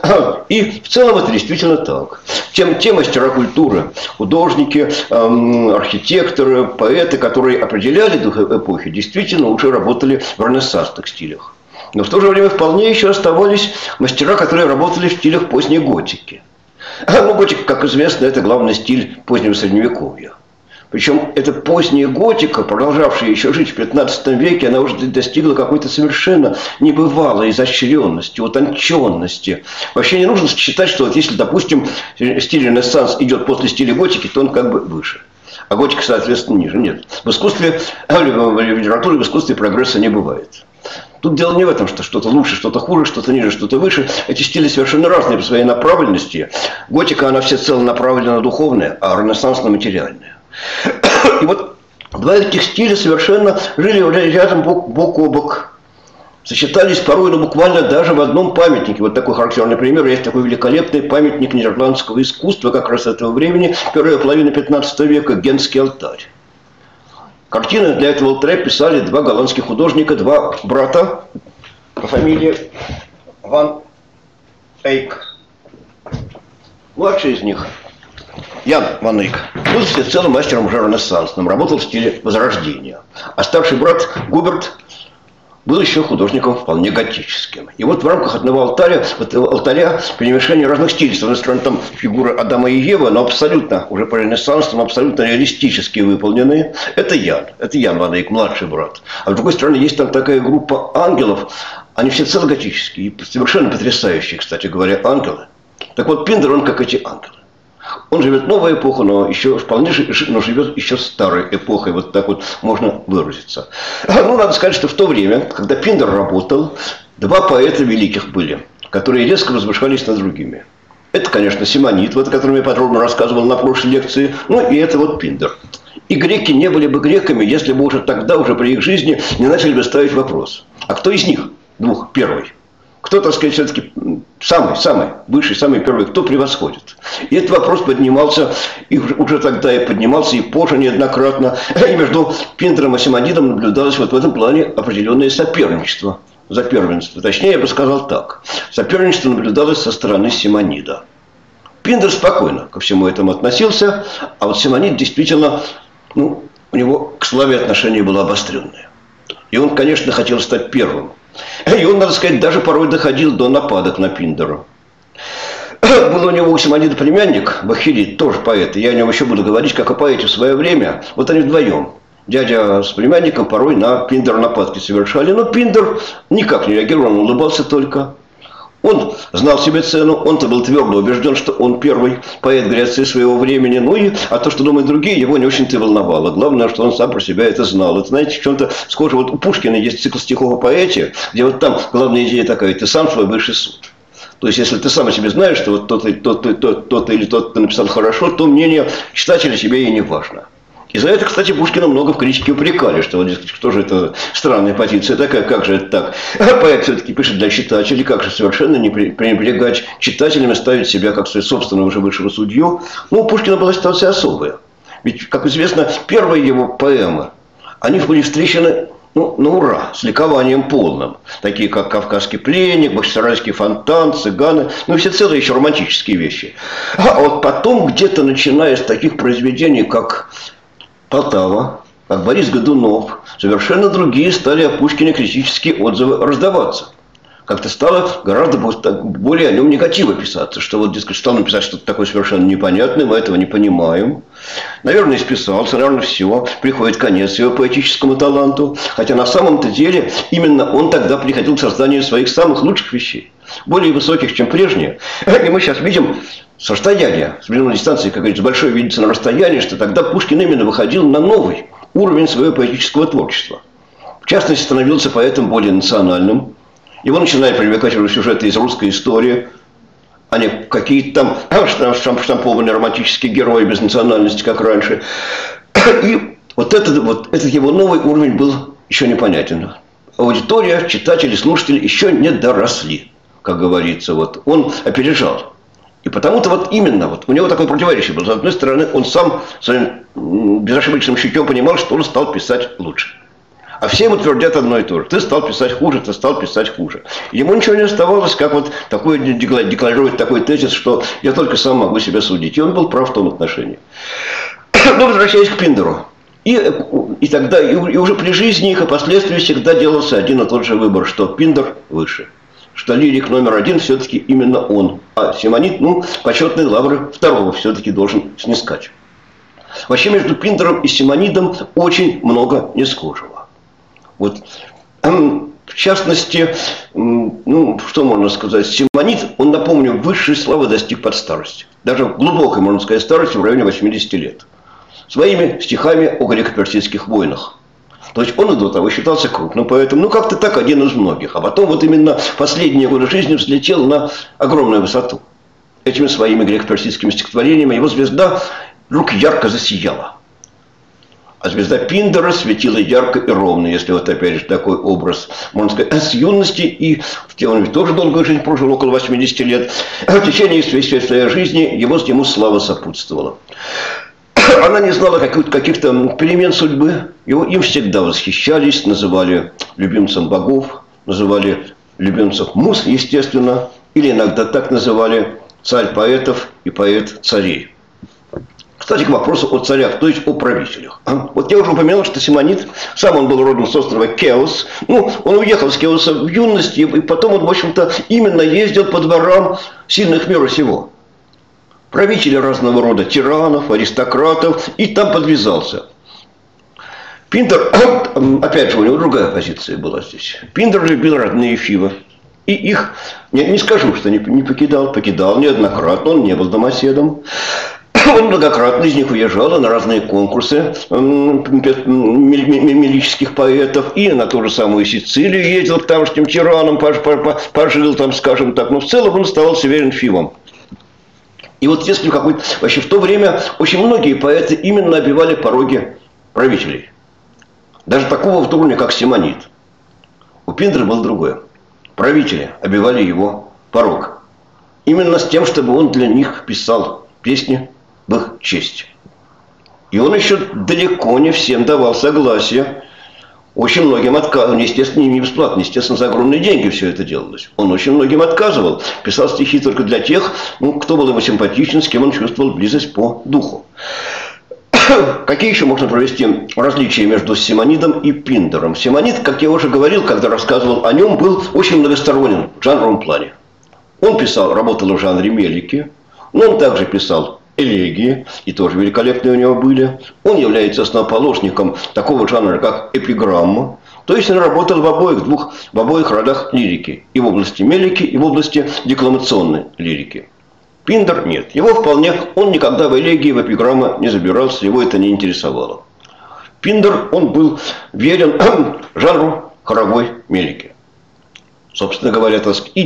И в целом это действительно так. Те мастера культуры, художники, архитекторы, поэты, которые определяли дух эпохи, действительно уже работали в ренессансных стилях. Но в то же время вполне еще оставались мастера, которые работали в стилях поздней готики. Ну, готика, как известно, это главный стиль позднего Средневековья. Причем эта поздняя готика, продолжавшая еще жить в 15 веке, она уже достигла какой-то совершенно небывалой изощренности, утонченности. Вообще не нужно считать, что вот если, допустим, стиль Ренессанс идет после стиля готики, то он как бы выше. А готика, соответственно, ниже. Нет. В искусстве, в литературе, в искусстве прогресса не бывает. Тут дело не в этом, что что-то лучше, что-то хуже, что-то ниже, что-то выше. Эти стили совершенно разные по своей направленности. Готика, она всецело направлена на духовное, а Ренессанс на материальное. И вот два этих стиля совершенно жили рядом бок о бок. Сочетались порой, но буквально даже в одном памятнике. Вот такой характерный пример. Есть такой великолепный памятник нидерландского искусства как раз этого времени, первая половина 15 века, Генский алтарь. Картины для этого алтаря писали два голландских художника, два брата по фамилии Ван Эйк. Младший из них, Ян Ван Эйк, был всецело мастером уже ренессансным, работал в стиле Возрождения. А старший брат Губерт был еще художником вполне готическим. И вот в рамках одного алтаря перемешание разных стилей. С одной стороны, там фигуры Адама и Евы, но абсолютно, уже по ренессансам, абсолютно реалистически выполнены. Это Ян Ван Эйк, младший брат. А с другой стороны, есть там такая группа ангелов, Они все целоготические и совершенно потрясающие, кстати говоря, ангелы. Так вот, Пиндер, он как эти ангелы. Он живет в новую эпоху, но еще вполне но живет еще старой эпохой, вот так вот можно выразиться. Ну, надо сказать, что в то время, когда Пиндер работал, два поэта великих были, которые резко возвышались над другими. Это, конечно, Симонид, вот, о котором я подробно рассказывал на прошлой лекции, ну и это вот Пиндер. И греки не были бы греками, если бы уже тогда, уже при их жизни, не начали бы ставить вопрос. А кто из них, двух, первый? Кто, так сказать, все-таки самый высший, самый первый, кто превосходит? И этот вопрос поднимался, и уже тогда и поднимался, и позже неоднократно. И между Пиндером и Симонидом наблюдалось вот в этом плане определенное соперничество за первенство. Точнее, я бы сказал так. Соперничество наблюдалось со стороны Симонида. Пиндер спокойно ко всему этому относился, а вот Симонид действительно, у него к славе отношение было обостренное. И он, конечно, хотел стать первым. И он, надо сказать, даже порой доходил до нападок на Пиндера. Был у него у Симонида племянник, Бахилит, тоже поэт. Я о нем еще буду говорить, как о поэте в свое время. Вот они вдвоем. Дядя с племянником порой на Пиндера нападки совершали. Но Пиндер никак не реагировал, он улыбался только. Он знал себе цену, он-то был твердо убежден, что он первый поэт Греции своего времени. А то, что думают другие, его не очень-то волновало. Главное, что он сам про себя это знал. Это, знаете, в чем-то схоже. Вот у Пушкина есть цикл стихов о поэте, где вот там главная идея такая: ты сам свой высший суд. То есть, если ты сам о себе знаешь, что вот тот или тот написал хорошо, то мнение читателя тебе и не важно. И за это, кстати, Пушкина много в критике упрекали, что вот, что же это странная позиция такая, как же это так? А поэт все-таки пишет для читателей, как же совершенно не пренебрегать читателями, ставить себя как своего собственного уже высшего судью. У Пушкина была ситуация особая. Ведь, как известно, первые его поэмы, они были встречены на ура, с ликованием полным. Такие, как «Кавказский пленник», «Бахчисарайский фонтан», «Цыганы», все целые еще романтические вещи. А вот потом, где-то начиная с таких произведений, как Полтава, как Борис Годунов, совершенно другие стали о Пушкине критические отзывы раздаваться. Как-то стало гораздо более о нем негатива писаться, что вот, дескать, стал написать что-то такое совершенно непонятное, мы этого не понимаем. Наверное, исписался, наверное, все, приходит конец его поэтическому таланту. Хотя на самом-то деле именно он тогда приходил к созданию своих самых лучших вещей, более высоких, чем прежние. И мы сейчас видим с расстояния, с определенной дистанции, как говорится, большое видится на расстоянии, что тогда Пушкин именно выходил на новый уровень своего поэтического творчества. В частности, становился поэтом более национальным. Его начинают привлекать уже сюжеты из русской истории, а не какие-то там штампованные романтические герои без национальности, как раньше. И вот этот его новый уровень был еще непонятен. Аудитория, читатели, слушатели еще не доросли, как говорится. Вот он опережал. И потому-то именно у него такое противоречие было. С одной стороны, он сам своим безошибочным чутьем понимал, что он стал писать лучше. А все ему твердят одно и то же: ты стал писать хуже, ты стал писать хуже. Ему ничего не оставалось, как декларировать такой тезис, что я только сам могу себя судить. И он был прав в том отношении. Но возвращаясь к Пиндеру. И тогда, и уже при жизни их, и последствии всегда делался один и тот же выбор, что Пиндер выше. Что лирик номер один все-таки именно он. А Симонид, почетные лавры второго все-таки должен снискать. Вообще между Пиндером и Симонидом очень много несхожего. В частности, что можно сказать, Симонид, он, напомню, высшей славы достиг под старость. Даже глубокой, можно сказать, старости в районе 80 лет. Своими стихами о греко-персидских войнах. То есть он и до того считался крупным поэтом, как-то так, один из многих. А потом именно последние годы жизни взлетел на огромную высоту. Этими своими греко-персидскими стихотворениями его звезда вдруг ярко засияла. А звезда Пиндера светила ярко и ровно, если опять же такой образ, можно сказать, с юности, и он ведь тоже долгую жизнь прожил, около 80 лет. В течение своей жизни ему слава сопутствовала. Она не знала каких-то перемен судьбы. Им всегда восхищались, называли любимцем богов, называли любимцем муз, естественно, или иногда так называли царь поэтов и поэт царей. Кстати, к вопросу о царях, то есть о правителях. Я уже упомянул, что Симонид, сам он был родом с острова Кеос. Он уехал с Кеоса в юности, и потом он, в общем-то, именно ездил по дворам сильных мира сего. Правителей разного рода, тиранов, аристократов, и там подвязался. Пинтер, опять же, у него другая позиция была здесь. Пинтер любил родные Фивы. И их, не скажу, что не покидал, покидал неоднократно, он не был домоседом. Он многократно из них уезжал на разные конкурсы мелических поэтов. И на ту же самую Сицилию ездил к тамошним тиранам, пожил там, скажем так. Но в целом он оставался верен Фивам. И вот если какой-то... Вообще в то время очень многие поэты именно обивали пороги правителей. Даже такого в уровня, как Симонид. У Пиндера было другое. Правители обивали его порог. Именно с тем, чтобы он для них писал песни в их честь. И он еще далеко не всем давал согласие. Очень многим отказывал. Естественно, не бесплатно. Естественно, за огромные деньги все это делалось. Он очень многим отказывал. Писал стихи только для тех, кто был ему симпатичен, с кем он чувствовал близость по духу. Какие еще можно провести различия между Симонидом и Пиндером? Симонид, как я уже говорил, когда рассказывал о нем, был очень многосторонен в жанровом плане. Он писал, работал в жанре мелики, но он также писал элегии, и тоже великолепные у него были. Он является основоположником такого жанра, как эпиграмма. То есть он работал в обоих родах лирики. И в области мелики, и в области декламационной лирики. Пиндер нет. Его вполне, он никогда в элегии, в эпиграммы не забирался, его это не интересовало. Пиндер, он был верен жанру хоровой мелики. Собственно говоря, и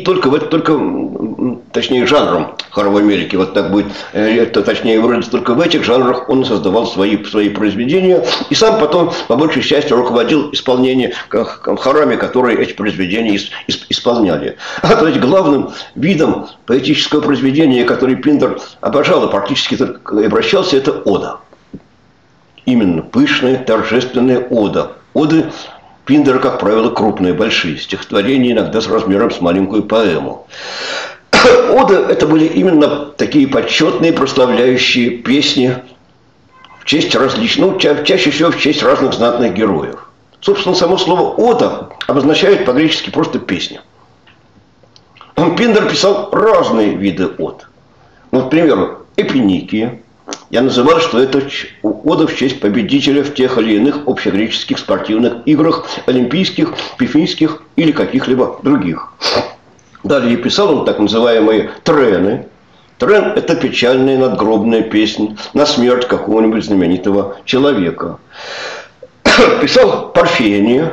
точнее, жанром хоровой мелики, вот так будет, точнее выразиться, только в этих жанрах он создавал свои произведения, и сам потом, по большей части, руководил исполнением хорами, которые эти произведения исполняли. То есть главным видом поэтического произведения, который Пиндер обожал и практически только обращался, это ода. Именно пышная, торжественная ода. Оды Пиндера, как правило, крупные, большие. Стихотворения иногда с размером с маленькую поэму. Оды – это были именно такие почетные, прославляющие песни в честь различных, чаще всего в честь разных знатных героев. Собственно, само слово «ода» обозначает по-гречески просто «песня». Пиндер писал разные виды од. Ну, к примеру, эпиникии. Я называл, что это ода в честь победителя в тех или иных общегреческих спортивных играх, олимпийских, пифийских или каких-либо других. Далее писал он так называемые трены. Трен – это печальная надгробная песня на смерть какого-нибудь знаменитого человека. Писал парфения.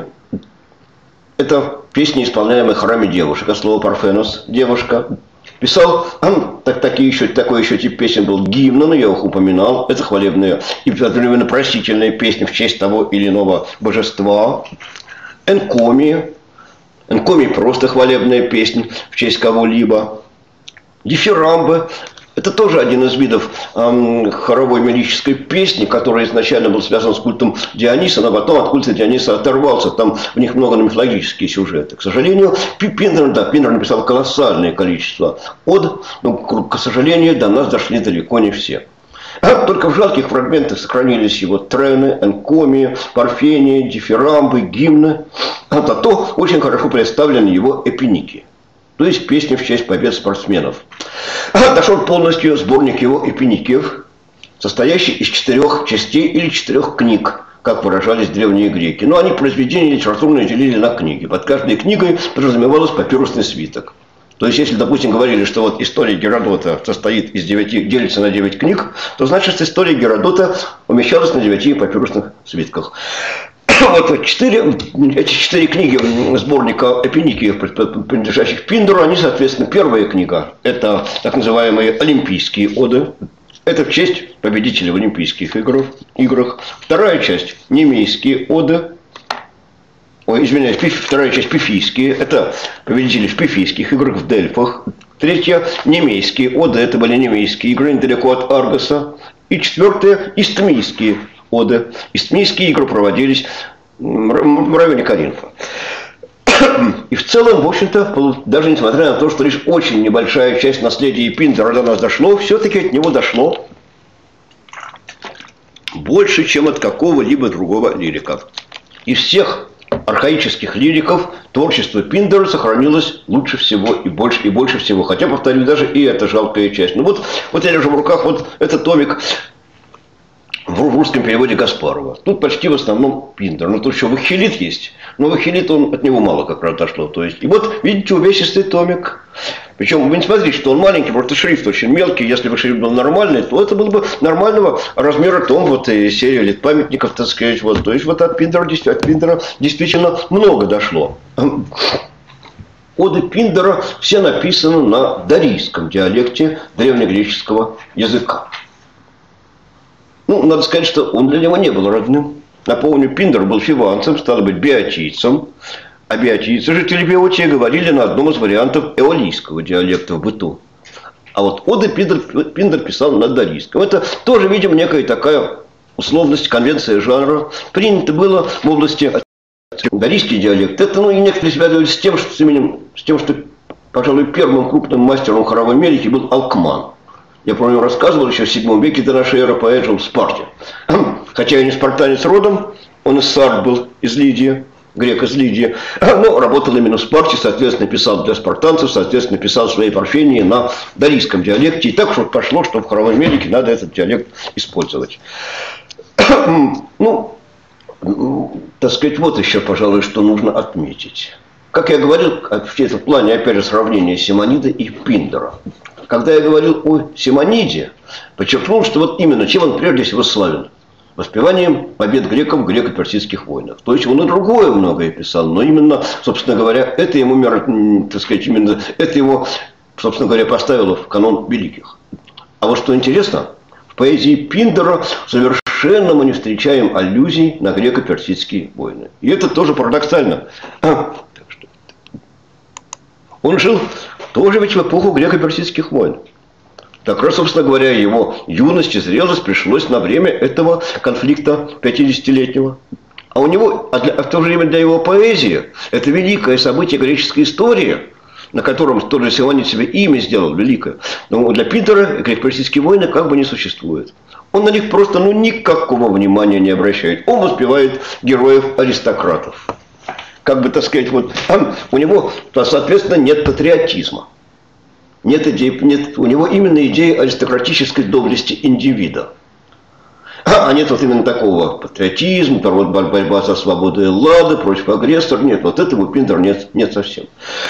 Это песни, исполняемые в храме девушек. От слова парфенос – девушка. Писал, такой еще тип песен был гимн, я их упоминал. Это хвалебные и одновременно просительные песни в честь того или иного божества. Энкомии. Энкомии просто хвалебная песня в честь кого-либо. Дифирамбы. Это тоже один из видов хоровой мелической песни, который изначально был связан с культом Диониса, но потом от культа Диониса оторвался. Там в них много мифологические сюжеты. К сожалению, Пиндер написал колоссальное количество од, но, к сожалению, до нас дошли далеко не все. Только в жалких фрагментах сохранились его трены, энкомии, парфении, дифирамбы, гимны. Зато очень хорошо представлены его эпиники. То есть песни в честь побед спортсменов. Дошел полностью сборник его эпиникиев, состоящий из 4 частей или 4 книг, как выражались древние греки. Но они произведения литературные делили на книги. Под каждой книгой подразумевалось папирусный свиток. То есть, если, допустим, говорили, что вот история Геродота делится на 9 книг, то значит, история Геродота умещалась на 9 папирусных свитках. Вот эти 4 книги сборника эпиникиев, принадлежащих Пиндеру, они, соответственно, первая книга – это так называемые олимпийские оды. Это в честь победителей в Олимпийских играх. Вторая часть – немейские оды. Вторая часть – пифийские. Это победители в пифийских играх в Дельфах. Третья – немейские оды. Это были немейские игры недалеко от Аргоса. И четвертая – истмийские оды. Истмийские игры проводились в районе Коринфа. И в целом, в общем-то, даже несмотря на то, что лишь очень небольшая часть наследия Пиндера до нас дошло, все-таки от него дошло больше, чем от какого-либо другого лирика. Из всех архаических лириков творчество Пиндера сохранилось лучше всего и больше всего. Хотя, повторю, даже и эта жалкая часть. Ну вот я держу в руках вот этот томик в русском переводе Гаспарова. Тут почти в основном Пиндер. Но тут еще Вахилит есть. Но Вахилит, от него мало как раз дошло. То есть, и вот, видите, увесистый томик. Причем вы не смотрите, что он маленький, просто шрифт очень мелкий. Если бы шрифт был нормальный, то это был бы нормального размера том, вот и серия лет памятников, так сказать. Вот. То есть, вот от Пиндера действительно много дошло. Оды Пиндера все написаны на дарийском диалекте древнегреческого языка. Ну, надо сказать, что он для него не был родным. Напомню, Пиндер был фиванцем, стало быть, биотийцем. А биотийцы, жители Биотии, говорили на одном из вариантов эолийского диалекта в быту. А вот оды Пиндер писал на дарийском. Это тоже, видимо, некая такая условность, конвенция жанра. Принято было в области дарийский диалект. Это, и некоторые связывали с тем, что, пожалуй, первым крупным мастером хоровой мелики был Алкман. Я про него рассказывал еще в VII веке до нашей эры, поэт жил в Спарте. Хотя и не спартанец родом, он из Сард был, из Лидии, грек из Лидии, но работал именно в Спарте, соответственно, писал для спартанцев, соответственно, писал свои парфении на дарийском диалекте. И так уж пошло, что в хоровой мелике надо этот диалект использовать. Так сказать, вот еще, пожалуй, что нужно отметить. Как я говорил, в этом плане, опять же, сравнение Симонида и Пиндера. Когда я говорил о Симониде, подчеркнул, что вот именно чем он прежде всего славен. Воспеванием побед греков в греко-персидских войнах. То есть он и другое многое писал, но именно, собственно говоря, это ему, так сказать, именно это его, собственно говоря, поставило в канон великих. А вот что интересно, в поэзии Пиндера совершенно мы не встречаем аллюзий на греко-персидские войны. И это тоже парадоксально. Он жил тоже ведь в эпоху греко-персидских войн. Так раз, собственно говоря, его юность и зрелость пришлось на время этого конфликта 50-летнего. А у него, в то же время для его поэзии, это великое событие греческой истории, на котором тоже Симонид себе имя сделал великое. Но для Пиндера греко-персидские войны как бы не существует. Он на них просто никакого внимания не обращает. Он воспевает героев-аристократов. Как бы, так сказать, вот у него, соответственно, нет патриотизма. У него именно идея аристократической доблести индивида. А нет вот именно такого патриотизма, борьба за свободу Эллады, против агрессора. Нет, вот этого у Пиндера нет совсем.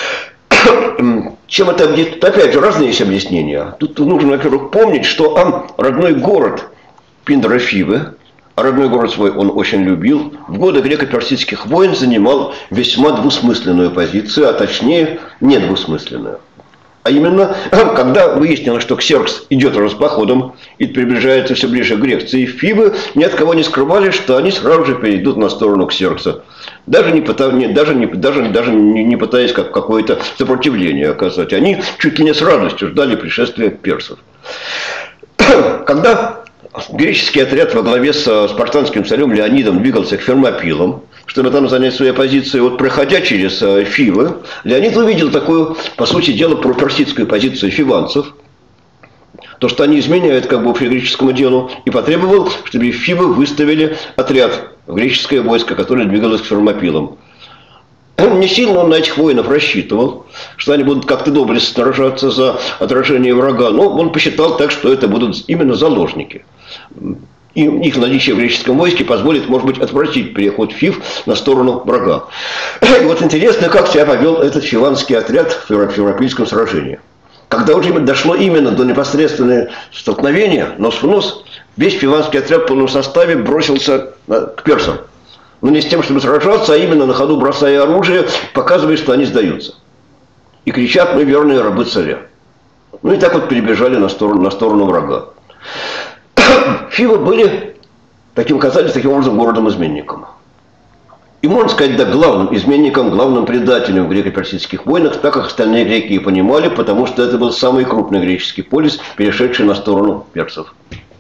Чем это объяснить? Опять же, разные есть объяснения. Тут нужно, во-первых, помнить, что родной город Пиндера Фивы, а родной город свой он очень любил, в годы греко-персидских войн занимал весьма двусмысленную позицию, а точнее недвусмысленную. А именно, когда выяснилось, что Ксеркс идет походом и приближается все ближе к Греции, Фивы ни от кого не скрывали, что они сразу же перейдут на сторону Ксеркса. Даже не пытаясь какое-то сопротивление оказать. Они чуть ли не с радостью ждали пришествия персов. Когда греческий отряд во главе с спартанским царем Леонидом двигался к Фермопилам, чтобы там занять свои позиции, вот проходя через Фивы, Леонид увидел такую, по сути дела, проперсидскую позицию фиванцев, то, что они изменяют как бы общегреческому делу, и потребовал, чтобы Фивы выставили отряд в греческое войско, которое двигалось к Фермопилам. Не сильно он на этих воинов рассчитывал, что они будут как-то доблестно сражаться за отражение врага, но он посчитал так, что это будут именно заложники. И их наличие в греческом войске позволит, может быть, отвратить переход Фив на сторону врага. И вот интересно, как себя повел этот фиванский отряд в Фермопильском сражении. Когда уже дошло именно до непосредственного столкновения, нос в нос, весь фиванский отряд в полном составе бросился к персам. Но не с тем, чтобы сражаться, а именно на ходу бросая оружие, показывая, что они сдаются. И кричат: мы верные рабы царя. Ну и так вот перебежали на сторону врага. Фивы были, оказались таким образом городом-изменником. И можно сказать, да, главным изменником, главным предателем в греко-персидских войнах, так как остальные греки и понимали, потому что это был самый крупный греческий полис, перешедший на сторону персов.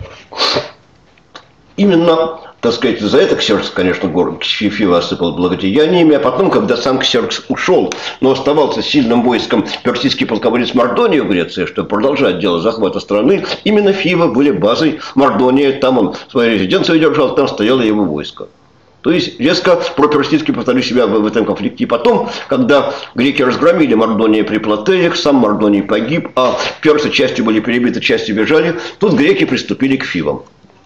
Именно, так сказать, за это Ксеркс, конечно, город Фивы осыпал благодеяниями, а потом, когда сам Ксеркс ушел, но оставался сильным войском персидский полководец Мардоний в Греции, чтобы продолжать дело захвата страны, именно Фивы были базой Мардония, там он свою резиденцию держал, там стояло его войско. То есть резко проперсидски повторили себя в этом конфликте. И потом, когда греки разгромили Мардония при Платеях, сам Мардоний погиб, а персы частью были перебиты, частью бежали, тут греки приступили к Фивам.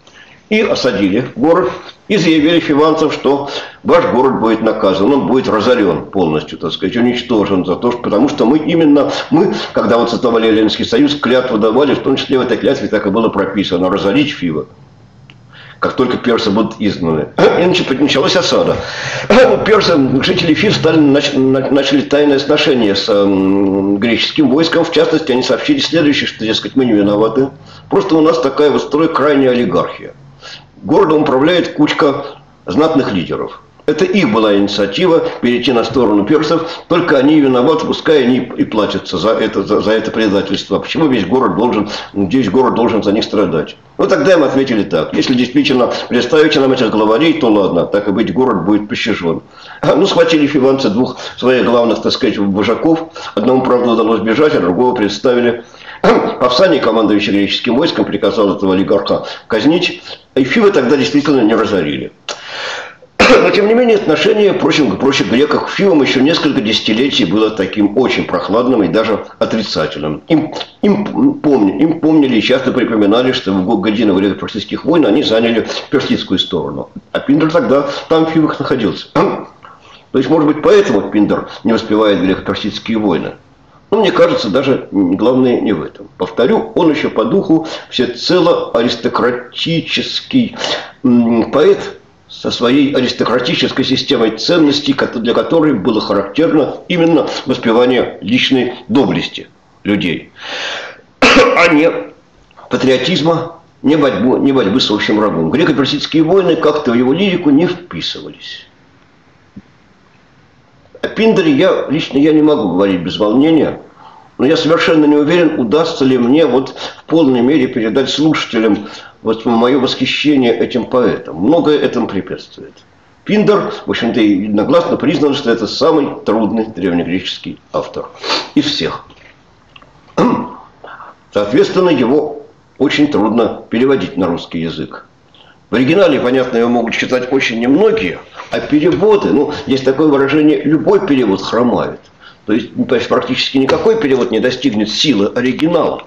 и осадили город, и заявили фиванцам, что ваш город будет наказан, он будет разорен полностью, так сказать, уничтожен, за то, что, потому что мы, когда вот создавали Ленинский союз, клятву давали, в том числе в этой клятве так и было прописано, разорить Фивы, как только персы будут изгнаны. И началась осада. Персы, жители Фив начали тайное сношение с греческим войском. В частности, они сообщили следующее, что, дескать, мы не виноваты. Просто у нас такая вот крайняя олигархия. Городом управляет кучка знатных лидеров. Это их была инициатива перейти на сторону персов, только они виноваты, пускай они и платятся за это предательство. Почему весь город должен за них страдать? Ну, тогда им ответили так. Если действительно представите нам этих главарей, то ладно, так и быть, город будет пощажен. Ну, схватили фиванцы двух своих главных, так сказать, вожаков. Одному, правда, удалось бежать, а другого представили. Павсаний, командующий греческим войском, приказал этого олигарха казнить. И Фивы тогда действительно не разорили. Но, тем не менее, отношение прочих греков к Фивам еще несколько десятилетий было таким очень прохладным и даже отрицательным. Им помнили и часто припоминали, что в годину греко-персидских войн они заняли персидскую сторону. А Пиндр тогда там в Фивах находился. То есть, может быть, поэтому Пиндр не воспевает греко-персидские войны. Но мне кажется, даже главное не в этом. Повторю, он еще по духу всецело аристократический поэт, со своей аристократической системой ценностей, для которой было характерно именно воспевание личной доблести людей, а не патриотизма, не борьбы с общим врагом. Греко-персидские войны как-то в его лирику не вписывались. О Пиндере лично я не могу говорить без волнения, но я совершенно не уверен, удастся ли мне вот в полной мере передать слушателям вот мое восхищение этим поэтом. Многое этому препятствует. Пиндер, в общем-то, единогласно признан, что это самый трудный древнегреческий автор из всех. Соответственно, его очень трудно переводить на русский язык. В оригинале, понятно, его могут читать очень немногие, а переводы, есть такое выражение, любой перевод хромает. То есть практически никакой перевод не достигнет силы оригинала.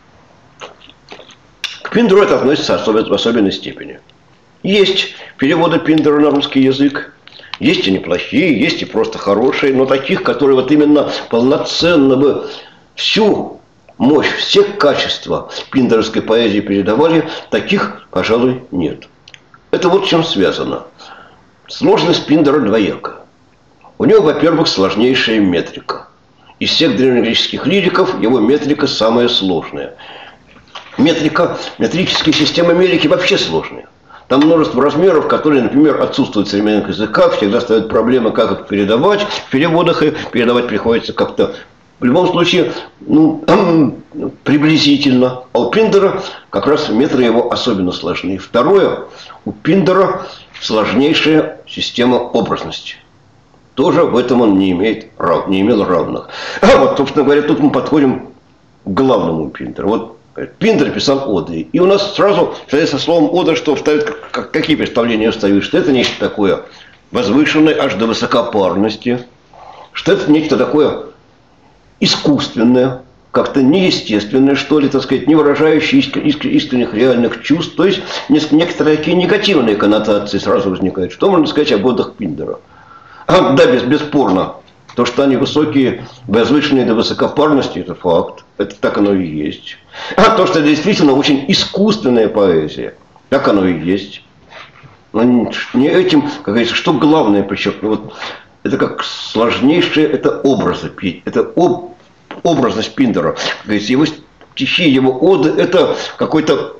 К Пиндеру это относится в особенной степени. Есть переводы Пиндера на русский язык, есть и неплохие, есть и просто хорошие, но таких, которые вот именно полноценно бы всю мощь, все качества пиндеровской поэзии передавали, таких, пожалуй, нет. Это вот с чем связано. Сложность Пиндера двояка. У него, во-первых, сложнейшая метрика. Из всех древнегреческих лириков его метрика самая сложная. Метрические системы мелики вообще сложные. Там множество размеров, которые, например, отсутствуют в современных языках, всегда ставят проблемы, как их передавать. В переводах и передавать приходится как-то, в любом случае, приблизительно. А у Пиндера как раз метры его особенно сложны. Второе, у Пиндера сложнейшая система образности. Тоже в этом он не имел равных. Вот, собственно говоря, тут мы подходим к главному Пиндеру. Вот Пиндер писал оды. И у нас сразу, со словом ода, что вставят, какие представления вставят, что это нечто такое возвышенное аж до высокопарности, что это нечто такое искусственное, как-то неестественное, что ли, так сказать, не выражающее искренних реальных чувств. То есть некоторые такие негативные коннотации сразу возникают. Что можно сказать об одах Пиндера? Да, бесспорно. То, что они высокие, возвышенные до высокопарности, это факт. Это так оно и есть. А то, что это действительно очень искусственная поэзия, так оно и есть. Но не этим, как говорится, что главное подчеркну. Вот это как сложнейшие, это образы. Это образность Пиндера. Как говорится, его стихи, его оды, это какой-то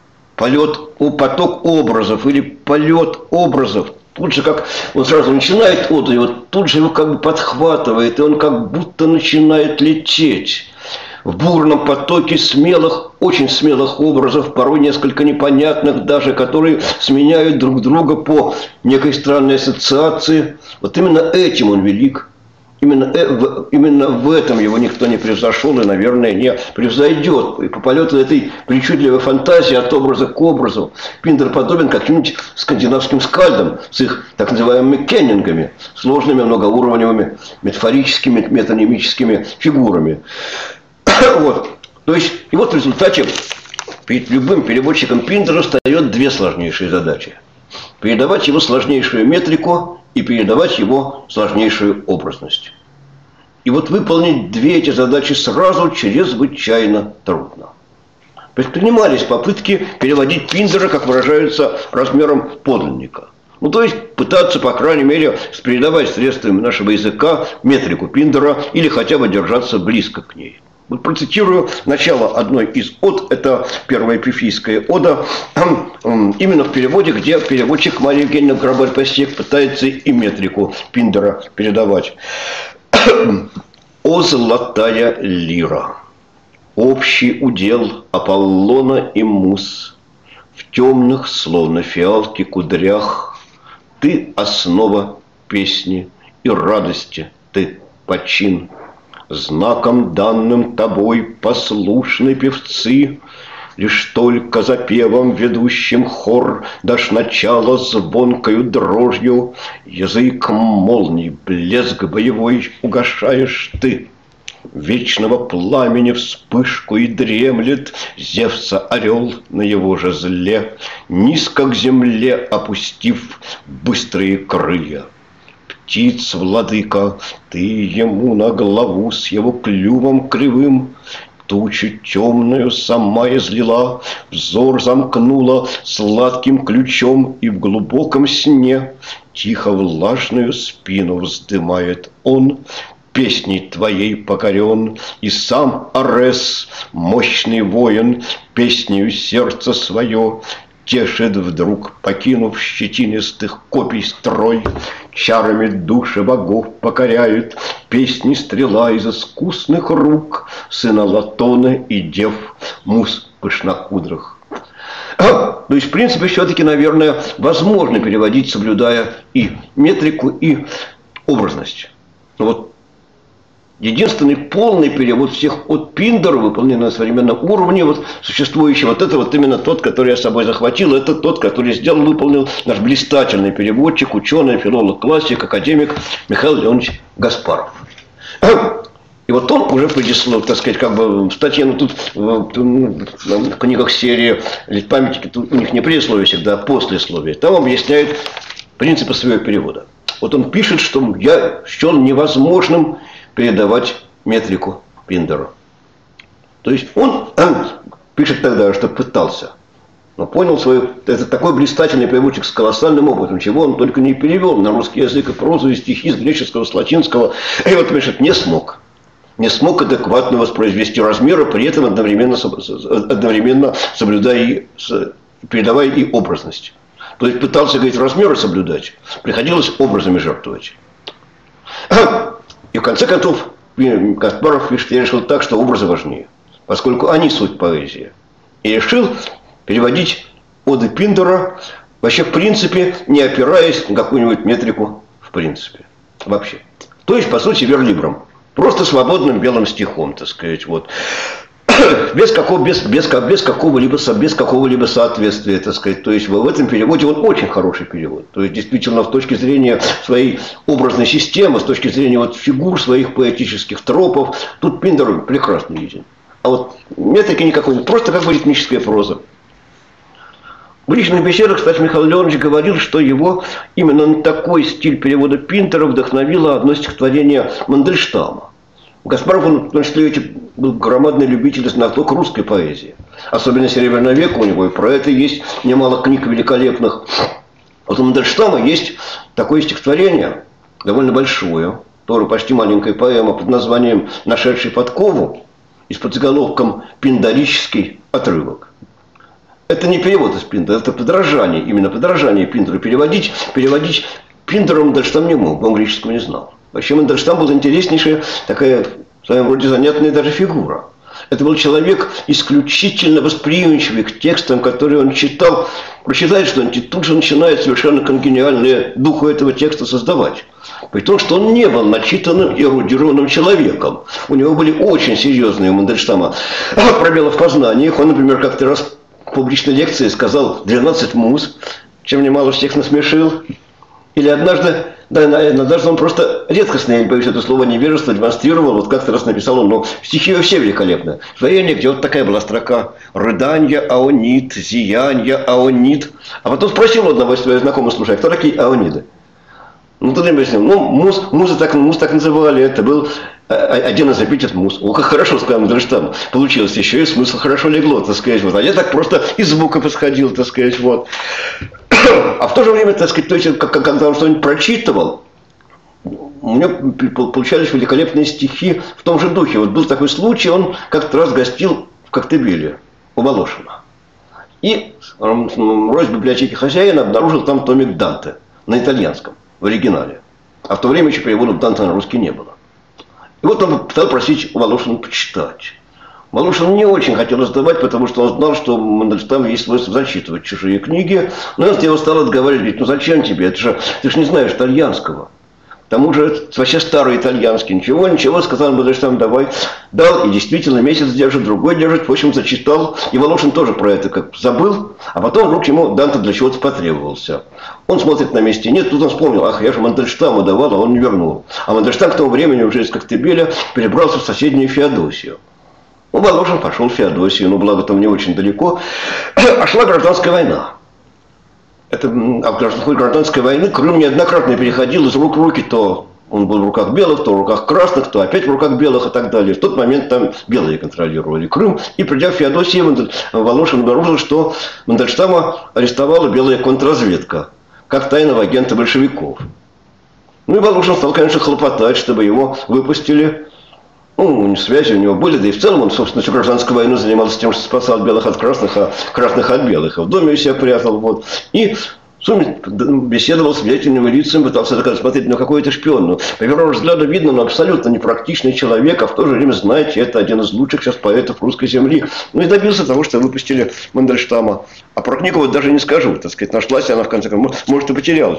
поток образов или полет образов. Тут же как он сразу начинает оду, и вот тут же его как бы подхватывает, и он как будто начинает лететь в бурном потоке смелых, очень смелых образов, порой несколько непонятных даже, которые сменяют друг друга по некой странной ассоциации. Вот именно этим он велик. Именно в этом его никто не превзошел и, наверное, не превзойдет. И по полету этой причудливой фантазии от образа к образу Пиндер подобен каким-нибудь скандинавским скальдам с их так называемыми кеннингами, сложными многоуровневыми метафорическими, метанимическими фигурами. Вот. То есть, и вот в результате перед любым переводчиком Пиндера встает две сложнейшие задачи. Передавать его сложнейшую метрику и передавать его сложнейшую образность. И вот выполнить две эти задачи сразу чрезвычайно трудно. Предпринимались попытки переводить Пиндера, как выражаются, размером подлинника. Ну, то есть пытаться, по крайней мере, передавать средствами нашего языка метрику Пиндера или хотя бы держаться близко к ней. Вот процитирую начало одной из од, это первая эпифийская ода, именно в переводе, где переводчик Мария Евгеньевна Грабарь-Пастех пытается и метрику Пиндера передавать. «О золотая лира, общий удел Аполлона и Мус, в темных, словно фиалки, кудрях, ты основа песни и радости, ты почин. Знаком данным тобой послушны певцы, лишь только за певом ведущим хор дашь начало звонкою дрожью, язык молний, блеск боевой угашаешь ты. Вечного пламени вспышку и дремлет Зевса орел на его же зле, низко к земле опустив быстрые крылья. Птиц, владыка, ты ему на главу с его клювом кривым тучу темную сама излила, взор замкнула сладким ключом, и в глубоком сне тихо влажную спину вздымает он, песней твоей покорен, и сам Арес, мощный воин, песнею сердце свое тешит вдруг, покинув щетинистых копий строй, чарами души богов покоряют песни стрела из искусных рук сына Латона и дев мус пышнокудрых. То есть, в принципе, все-таки, наверное, возможно переводить, соблюдая и метрику, и образность. Но вот единственный полный перевод всех от Пиндера, выполненный на современном уровне, вот существующий, вот это вот именно тот, который я с собой захватил, это тот, который выполнил наш блистательный переводчик, ученый, филолог, классик, академик Михаил Леонович Гаспаров. И вот он уже предисловие, так сказать, как бы в статье, ну тут в книгах серии памятники, тут у них не предисловие всегда, а послесловие. Там объясняет принципы своего перевода. Вот он пишет, что я счел невозможным передавать метрику Пиндеру. То есть он пишет тогда, что пытался, но понял свою... Это такой блистательный переводчик с колоссальным опытом, чего он только не перевел на русский язык и прозу, и стихи с греческого, с латинского. И вот пишет, не смог. Не смог адекватно воспроизвести размеры, при этом одновременно соблюдая и передавая и образность. То есть пытался, говорить, размеры соблюдать, приходилось образами жертвовать. И в конце концов Гаспаров пишет, я решил так, что образы важнее, поскольку они суть поэзии. И решил переводить оды Пиндера вообще в принципе, не опираясь на какую-нибудь метрику в принципе. Вообще. То есть, по сути, верлибром. Просто свободным белым стихом, так сказать, вот. Без какого-либо соответствия, так сказать. То есть в этом переводе он очень хороший перевод. То есть действительно с точки зрения своей образной системы, с точки зрения вот фигур своих поэтических тропов, тут Пиндер прекрасно виден. А вот метрики никакой нет, просто как бы ритмическая проза. В личных беседах, кстати, Михаил Леонович говорил, что его именно на такой стиль перевода Пиндера вдохновило одно стихотворение Мандельштама. Гаспаров, он, в том числе, был громадный любитель и знаток русской поэзии. Особенно Серебряного века у него, и про это есть немало книг великолепных. Вот у Мандельштама есть такое стихотворение, довольно большое, тоже почти маленькая поэма под названием «Нашедший подкову» и с подзаголовком «Пиндорический отрывок». Это не перевод из Пиндера, это подражание, именно подражание Пиндеру. Переводить Пиндеру Мандельштам не мог, он греческого не знал. Вообще Мандельштам был интереснейшая, такая в своем роде занятная даже фигура. Это был человек исключительно восприимчивый к текстам, которые он читал. Прочитает что-нибудь, и тут же начинает совершенно конгениальное духу этого текста создавать. При том, что он не был начитанным и эрудированным человеком. У него были очень серьезные у Мандельштама пробелы в познаниях. Он, например, как-то раз в публичной лекции сказал 12 муз, чем немало всех насмешил. Или однажды Да, даже он просто редкостно, я не боюсь это слово, невежество демонстрировал. Вот как-то раз написал он, но стихи все великолепны. В воении, где вот такая была строка: «Рыданья, аонит, зиянья, аонит». А потом спросил одного из своих знакомых: слушай, а кто такие аониды? Ну, тогда я объяснил, ну, муз так называли, это был один из эпитет муз. О, как хорошо, сказал Мандельштам, получилось, еще и смысл хорошо легло, так сказать, вот. А я так просто из звука подходил, так сказать, вот. А в то же время, так сказать, то есть, когда он что-нибудь прочитывал, у меня получались великолепные стихи в том же духе. Вот был такой случай, он как-то раз гостил в Коктебеле у Волошина. И роясь в библиотеке хозяина, обнаружил там томик Данте на итальянском, в оригинале. А в то время еще переводов Данте на русский не было. И вот он стал просить у Волошина почитать. Волошин не очень хотел издавать, потому что он знал, что Мандельштам есть свойство зачитывать чужие книги. Но он его стал отговаривать, говорит: ну зачем тебе, ты же не знаешь итальянского. К тому же это вообще старый итальянский. Ничего, сказал Мандельштам, давай. Дал, и действительно месяц держит, другой держит. В общем, зачитал. И Волошин тоже про это как забыл. А потом вдруг ему Данте для чего-то потребовался. Он смотрит на месте, нет, тут он вспомнил: ах, я же Мандельштаму давал, а он не вернул. А Мандельштам к тому времени уже из Коктебеля перебрался в соседнюю Феодосию. Ну, Волошин пошел в Феодосию, но благо там не очень далеко. А шла гражданская война. А в ходе гражданской войны Крым неоднократно переходил из рук в руки. То он был в руках белых, то в руках красных, то опять в руках белых и так далее. В тот момент там белые контролировали Крым. И придя в Феодосию, Волошин обнаружил, что Мандельштама арестовала белая контрразведка, как тайного агента большевиков. Ну и Волошин стал, конечно, хлопотать, чтобы его выпустили. Ну, связи у него были, да и в целом он, собственно, всю гражданскую войну занимался тем, что спасал белых от красных, а красных от белых. И в доме у себя прятал. Вот. И в сумме беседовал с влиятельными лицами, пытался смотреть, ну какой это шпион. Но, по первому взгляду видно, но абсолютно непрактичный человек, а в то же время, знаете, это один из лучших сейчас поэтов русской земли. Ну и добился того, что выпустили Мандельштама. А про книгу вот даже не скажу, так сказать, нашлась она в конце концов, может и потерялась.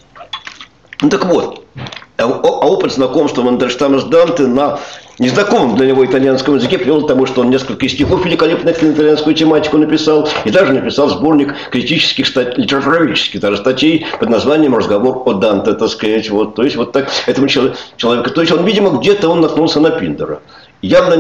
Ну так вот, а опыт знакомства Мандельштама с Данте на незнакомом для него итальянском языке привел к тому, что он несколько стихов великолепных на итальянскую тематику написал, и даже написал сборник критических литературоведческих даже статей под названием «Разговор о Данте», так сказать. Вот. То есть вот так этому человеку, то есть он, видимо, где-то он наткнулся на Пиндера. Явно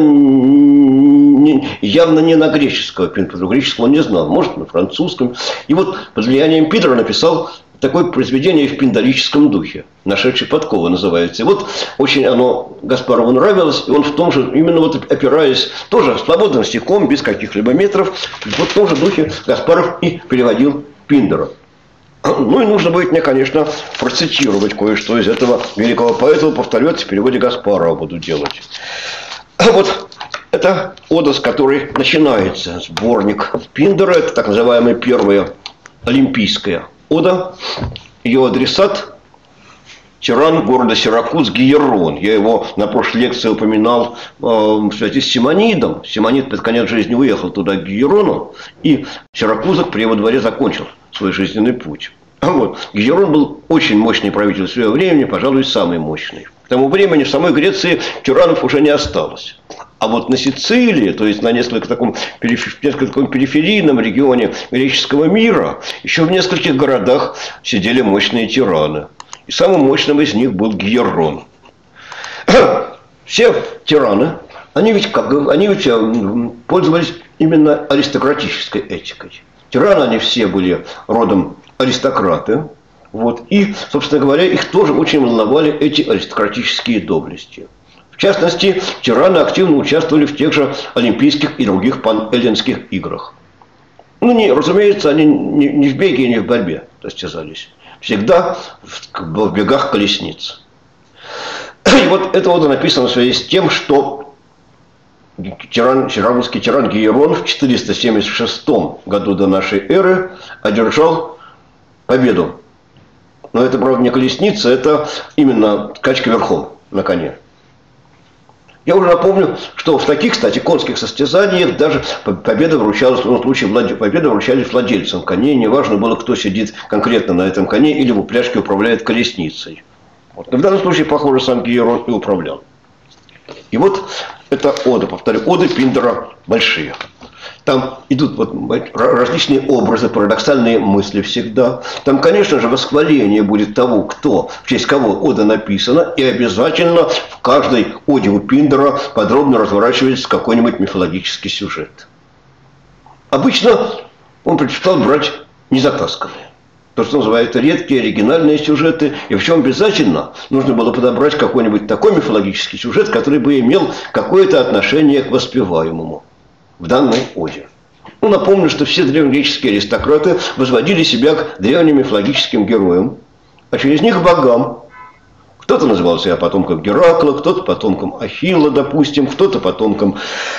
не на греческого Пиндера, греческого он не знал, может, на французском. И вот под влиянием Пиндера написал такое произведение в пиндарическом духе, «Нашедший подковы» называется. И вот очень оно Гаспарову нравилось, и он в том же, именно вот опираясь, тоже свободным стихом, без каких-либо метров, вот в том же духе Гаспаров и переводил Пиндера. Ну и нужно будет мне, конечно, процитировать кое-что из этого великого поэта, повторю, в переводе Гаспарова буду делать. Вот это ода, с которой начинается сборник Пиндера, это так называемая первая олимпийская ода. Ее адресат — тиран города Сиракуз Гиерон. Я его на прошлой лекции упоминал в связи с Симонидом. Симонид под конец жизни уехал туда, к Гиерону, и Сиракузок при его дворе закончил свой жизненный путь. Вот. Гиерон был очень мощный правитель в своего времени, пожалуй, самый мощный. К тому времени в самой Греции тиранов уже не осталось. А вот на Сицилии, то есть на несколько таком периферийном регионе греческого мира, еще в нескольких городах сидели мощные тираны. И самым мощным из них был Гиерон. Все тираны, они ведь пользовались именно аристократической этикой. Тираны они все были родом аристократы. Вот. И, собственно говоря, их тоже очень волновали эти аристократические доблести. В частности, тираны активно участвовали в тех же олимпийских и других панэллинских играх. Ну, разумеется, они не в беге и не в борьбе состязались. Всегда в бегах колесниц. И вот это вот написано в связи с тем, что сиракузский тиран Гиерон в 476 году до нашей эры одержал победу. Но это, правда, не колесница, это именно скачка верхом на коне. Я уже напомню, что в таких, кстати, конских состязаниях даже победа вручалась, в случае победа вручались владельцам коней. Неважно было, кто сидит конкретно на этом коне или в упряжке управляет колесницей. Вот. Но в данном случае, похоже, сам Гиерон и управлял. И вот это ода, повторю, оды Пиндера большие. Там идут вот различные образы, парадоксальные мысли всегда. Там, конечно же, восхваление будет того, кто, в честь кого ода написана, и обязательно в каждой оде у Пиндара подробно разворачивается какой-нибудь мифологический сюжет. Обычно он предпочитал брать незатасканные. То, что называют редкие, оригинальные сюжеты. И в чем обязательно нужно было подобрать какой-нибудь такой мифологический сюжет, который бы имел какое-то отношение к воспеваемому в данной оде. Ну, напомню, что все древнегреческие аристократы возводили себя к древним мифологическим героям, а через них к богам. Кто-то называл себя потомком Геракла, кто-то потомком Ахилла, допустим, кто-то потомком,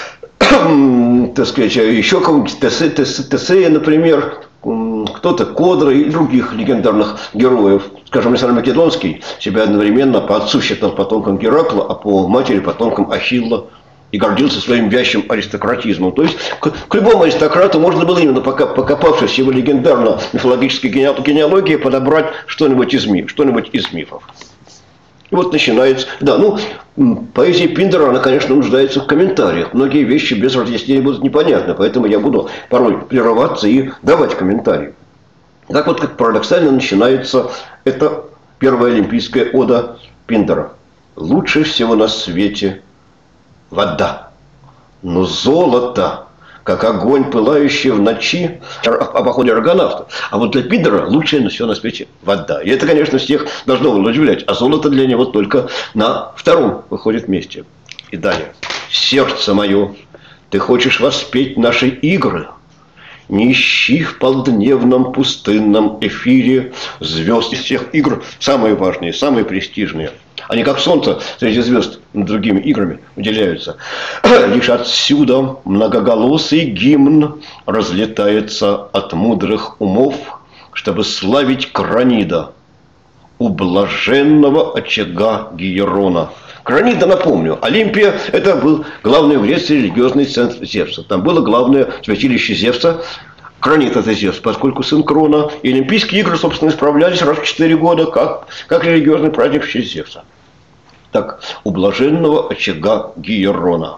так сказать, еще кого-нибудь Тесея, например, кто-то Кодра и других легендарных героев. Скажем, Александр Македонский себя одновременно по отцу считал потомком Геракла, а по матери потомком Ахилла. И гордился своим вящим аристократизмом. То есть к любому аристократу можно было именно, покопавшись в его легендарно-мифологической генеалогии, подобрать что-нибудь из мифов. И вот начинается... Да, ну, поэзия Пиндара, она, конечно, нуждается в комментариях. Многие вещи без разъяснений будут непонятны, поэтому я буду порой прерываться и давать комментарии. Так вот, как парадоксально начинается эта первая олимпийская ода Пиндара. «Лучше всего на свете вода, но золото, как огонь, пылающий в ночи», о походе аргонавта. А вот для Пиндара лучшее все на свете вода. И это, конечно, всех должно было удивлять. А золото для него только на втором выходит месте. И далее. «Сердце мое, ты хочешь воспеть наши игры? Не ищи в полдневном пустынном эфире звезд из всех игр самые важные, самые престижные. Они как солнце среди звезд над другими играми выделяются. Лишь отсюда многоголосый гимн разлетается от мудрых умов, чтобы славить Кранида, у блаженного очага Гиерона». Кранида, напомню, Олимпия – это был главный в Греции религиозный центр Зевса. Там было главное святилище Зевса. Кранид – это Зевс, поскольку сын Крона. И Олимпийские игры, собственно, исправлялись раз в 4 года, как религиозный праздник в честь Зевса. Так, у блаженного очага Гиерона.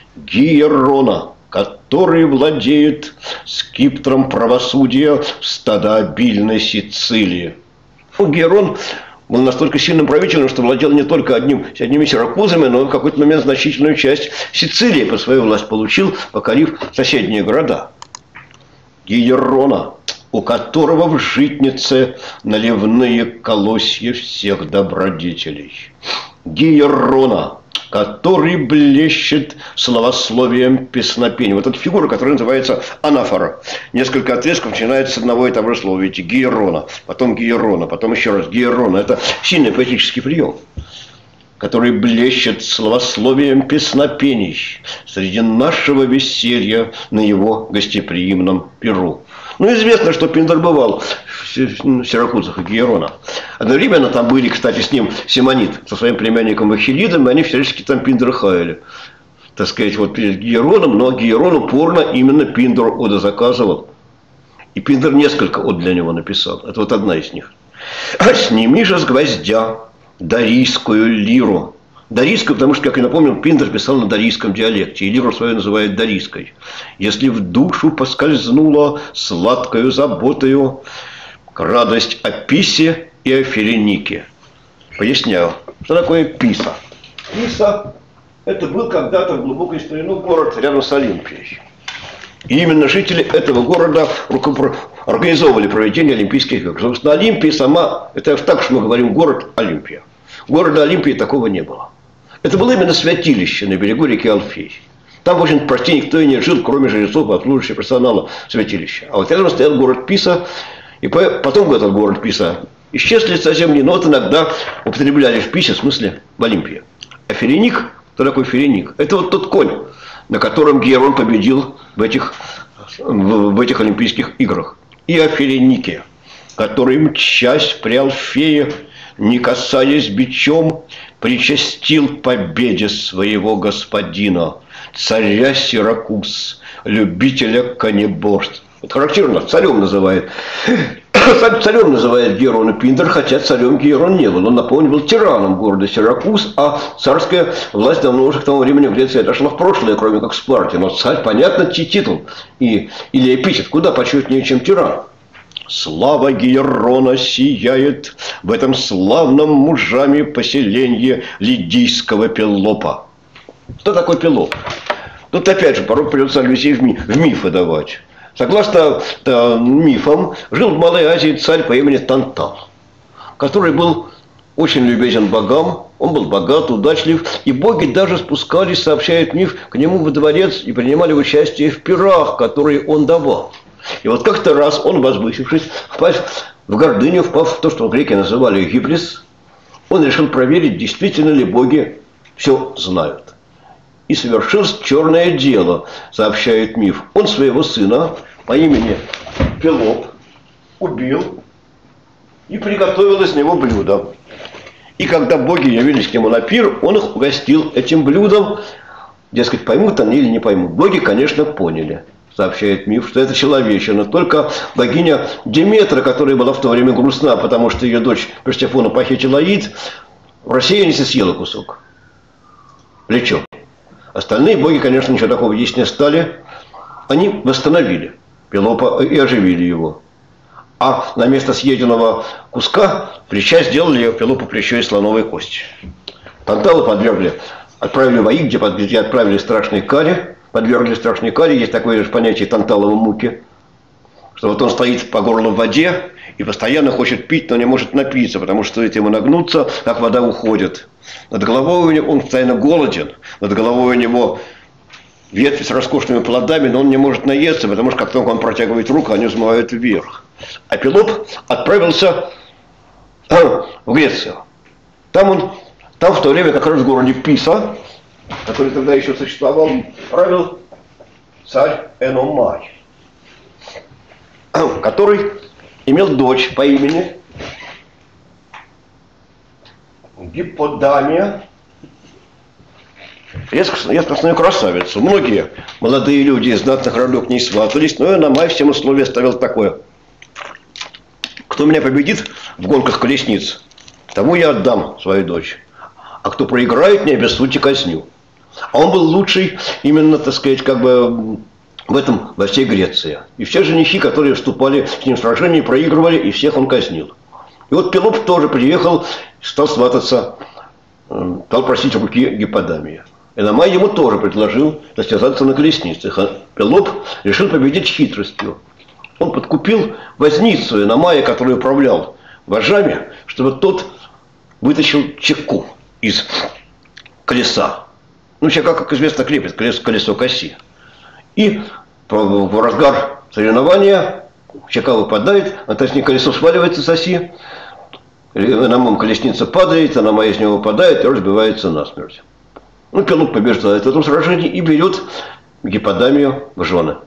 Гиерона, который владеет скипетром правосудия в стадообильной Сицилии. Гиерон был настолько сильным правителем, что владел не только одними Сиракузами, но и в какой-то момент значительную часть Сицилии под свою власть получил, покорив соседние города. Гиерона, у которого в житнице наливные колосья всех добродетелей. Гиерона, который блещет словословием песнопения. Вот эта фигура, которая называется анафора. Несколько отрезков начинается с одного и того же слова. Видите, Гиерона, потом еще раз Гиерона. Это сильный поэтический прием, который блещет словословием песнопений среди нашего веселья на его гостеприимном перу. Ну, известно, что Пиндар бывал в Сиракузах и Гиерона. Одновременно там были, кстати, с ним Симонид со своим племянником Ахиллидом, и они всячески там Пиндара хаяли. Так сказать, вот перед Гиероном, но Гиерон упорно именно Пиндару оды заказывал. И Пиндар несколько од для него написал. Это вот одна из них. «Сними же с гвоздя дарийскую лиру». Дарийскую, потому что, как я напомнил, Пиндар писал на дарийском диалекте, и лиру свою называют дарийской. «Если в душу поскользнула сладкою заботою радость о Писе и о Ференике». Поясняю, что такое Писа. Писа – это был когда-то в глубокой старину город рядом с Олимпией. И именно жители этого города организовывали проведение Олимпийских игр. Собственно, Олимпия сама – это так, что мы говорим город Олимпия. Города Олимпии такого не было. Это было именно святилище на берегу реки Алфей. Там, в общем, почти никто и не жил, кроме жрецов и обслуживающего персонала святилища. А вот рядом стоял город Писа, и потом этот город Писа исчез с лица земли, но вот иногда употребляли в Писе, в смысле в Олимпии. А Ференик, кто такой Ференик? Это вот тот конь, на котором Гиерон победил в этих Олимпийских играх. И о Ференике, который, мчась при Алфее, не касаясь бичом, причастил победе своего господина, царя Сиракуз, любителя конеборств. Вот характерно, царем называет Царем называет Герона Пиндер, хотя царем Герон не был. Он, напомню, был тираном города Сиракуз, а царская власть давно уже к тому времени в Греции отошла в прошлое, кроме как в Спарте. Но царь, понятно, титул или эпитет куда почетнее, чем тиран. Слава Герона сияет в этом славном мужами поселении лидийского Пеллопа. Что такое Пеллоп? Тут опять же порой придется аллюзии в мифы давать. Согласно мифам, жил в Малой Азии царь по имени Тантал, который был очень любезен богам, он был богат, удачлив, и боги даже спускались, сообщает миф, к нему во дворец и принимали участие в пирах, которые он давал. И вот как-то раз он, возвысившись, впав в гордыню, впав в то, что греки называли гибрис, он решил проверить, действительно ли боги все знают. И совершилось черное дело, сообщает миф. Он своего сына по имени Пелоп убил и приготовил из него блюдо. И когда боги явились к нему на пир, он их угостил этим блюдом. Дескать, поймут они или не поймут. Боги, конечно, поняли, сообщает миф, что это человечина. Только богиня Деметра, которая была в то время грустна, потому что ее дочь Персефона похитила Аид, в рассеянности съела кусок. Плечо. Остальные боги, конечно, ничего такого есть не стали. Они восстановили Пелопа и оживили его. А на место съеденного куска плеча сделали Пелопу плечо из слоновой кости. Тантала отправили в Аид, где отправили страшной каре. Подвергли страшной каре. Есть такое же понятие танталовой муки. Что вот он стоит по горло в воде и постоянно хочет пить, но не может напиться, потому что стоит ему нагнуться, как вода уходит. Над головой у него он постоянно голоден, над головой у него ветви с роскошными плодами, но он не может наесться, потому что как только он протягивает руку, они взмывают вверх. А Пелоп отправился в Грецию. Там в то время как раз в городе Писа, который тогда еще существовал, правил царь Эномай, который имел дочь по имени Гипподамия, редкостную красавицу. Многие молодые люди из знатных родов к ней сватались, но Эномай всем условия ставил такое: кто меня победит в гонках колесниц, тому я отдам свою дочь, а кто проиграет, не обессудьте казню. А он был лучший именно, так сказать, как бы в этом во всей Греции. И все женихи, которые вступали с ним в сражение, проигрывали, и всех он казнил. И вот Пелоп тоже приехал, стал свататься, стал просить руки Гипподамии. Эномай ему тоже предложил состязаться на колесницах. А Пелоп решил победить хитростью. Он подкупил возницу Эномая, который управлял вожжами, чтобы тот вытащил чеку из колеса. Ну, сейчас, как известно, крепит колесо к оси. И в разгар соревнования чека выпадает, а точнее колесо сваливается с оси, Эномай колесница падает, Эномай из него выпадает и разбивается насмерть. Ну, Пелоп побеждает в этом сражении и берет Гипподамию в жены.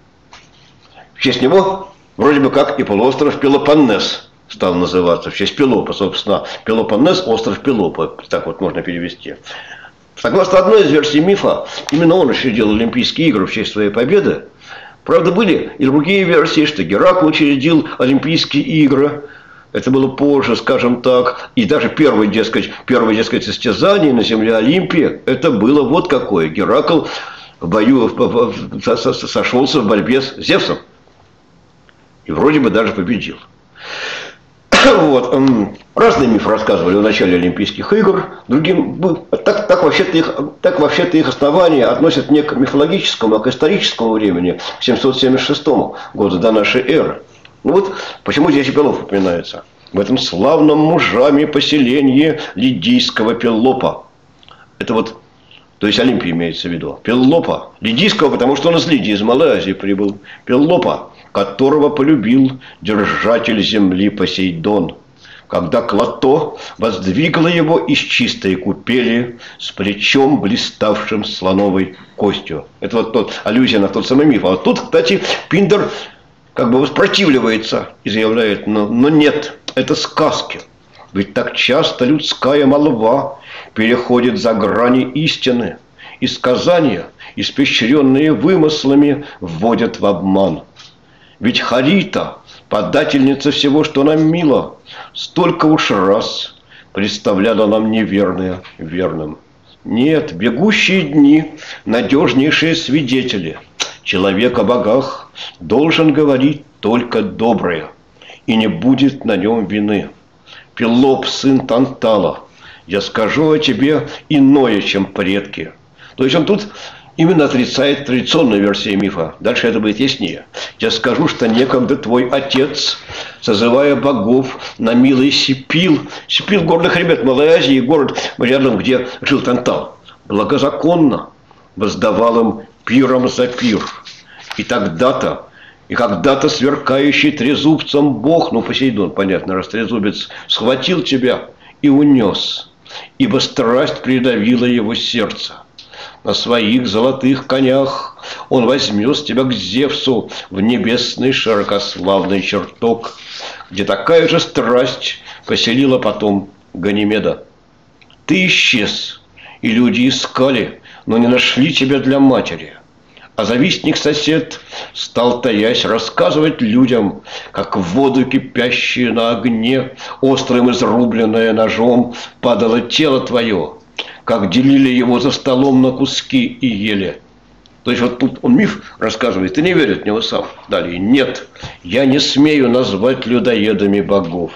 В честь него вроде бы как и полуостров Пелопоннес стал называться, в честь Пелопа, собственно. Пелопоннес – остров Пелопа, так вот можно перевести. Согласно одной из версий мифа, именно он учредил Олимпийские игры в честь своей победы. Правда, были и другие версии, что Геракл учредил Олимпийские игры. Это было позже, скажем так. И даже первое, дескать, состязание на земле Олимпии, это было вот какое. Геракл в бою сошелся в борьбе с Зевсом. И вроде бы даже победил. Вот. Разные мифы рассказывали о начале Олимпийских игр. Другим, так вообще-то их основания относят не к мифологическому, а к историческому времени, к 776 году до нашей эры. Ну вот почему здесь и Пелоп упоминается. В этом славном мужами поселении лидийского Пеллопа. Это вот, то есть Олимпия имеется в виду. Пеллопа. Лидийского, потому что он из Лидии, из Малой Азии прибыл. Пеллопа, которого полюбил держатель земли Посейдон, когда Клато воздвигла его из чистой купели с плечом, блиставшим слоновой костью. Это вот аллюзия на тот самый миф. А вот тут, кстати, Пиндер как бы воспротивливается и заявляет, но нет, это сказки. Ведь так часто людская молва переходит за грани истины, и сказания, испещренные вымыслами, вводят в обман. Ведь Харита подательница всего, что нам мило, столько уж раз представляла нам неверное верным. Нет, бегущие дни – надежнейшие свидетели. Человек о богах должен говорить только доброе, и не будет на нем вины. Пелоп, сын Тантала, я скажу о тебе иное, чем предки. То есть он тут именно отрицает традиционную версию мифа. Дальше это будет яснее. Я скажу, что некогда твой отец, созывая богов на милый Сипил, Сипил – горных ребят Малой Азии, город рядом, где жил Тантал, благозаконно воздавал им пиром за пир. И тогда-то, и когда-то сверкающий трезубцем бог, ну Посейдон, понятно, раз трезубец, схватил тебя и унес, ибо страсть придавила его сердце. На своих золотых конях он возьмет тебя к Зевсу в небесный широкославный чертог, где такая же страсть поселила потом Ганимеда. Ты исчез, и люди искали, но не нашли тебя для матери. А завистник-сосед стал, таясь, рассказывать людям, как в воду кипящие на огне, острым изрубленное ножом, падало тело твое, как делили его за столом на куски и ели. То есть вот тут он миф рассказывает, и не верит в него сам. Далее, нет, я не смею назвать людоедами богов.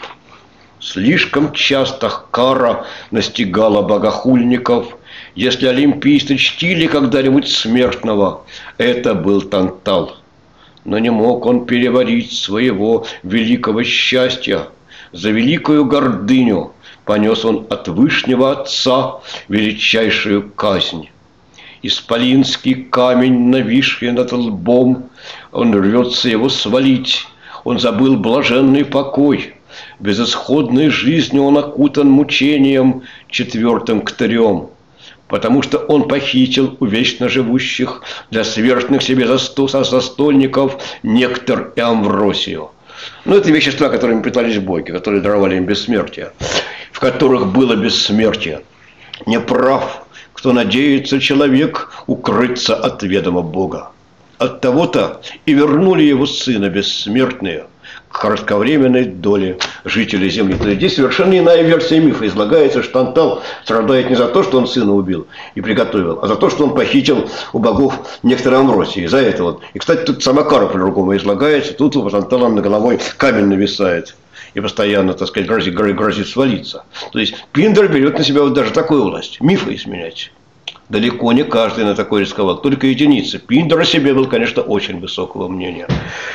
Слишком часто кара настигала богохульников. Если олимпийцы чтили когда-нибудь смертного, это был Тантал. Но не мог он переварить своего великого счастья. За великую гордыню понес он от Вышнего Отца величайшую казнь. Исполинский камень, нависший над лбом, он рвется его свалить. Он забыл блаженный покой. Безысходной жизнью он окутан мучением четвертым ктарем. Потому что он похитил у вечно живущих для смертных себе застольников нектар и амвросию. Ну, это вещества, которыми питались боги, которые даровали им бессмертие, в которых было бессмертие. Неправ, кто надеется человек укрыться от ведома Бога. От того-то и вернули его сына бессмертные к кратковременной доле жителей земли. То есть здесь совершенно иная версия мифа. Излагается, что Тантал страдает не за то, что он сына убил и приготовил, а за то, что он похитил у богов некоторые амвросии. За это вот. И, кстати, тут сама кара по-другому излагается. Тут у Тантала над головой камень нависает и постоянно, так сказать, грозит свалиться. То есть Пиндер берет на себя вот даже такую власть. Мифы изменять. Далеко не каждый на такой рисковал, только единицы. Пиндер о себе был, конечно, очень высокого мнения.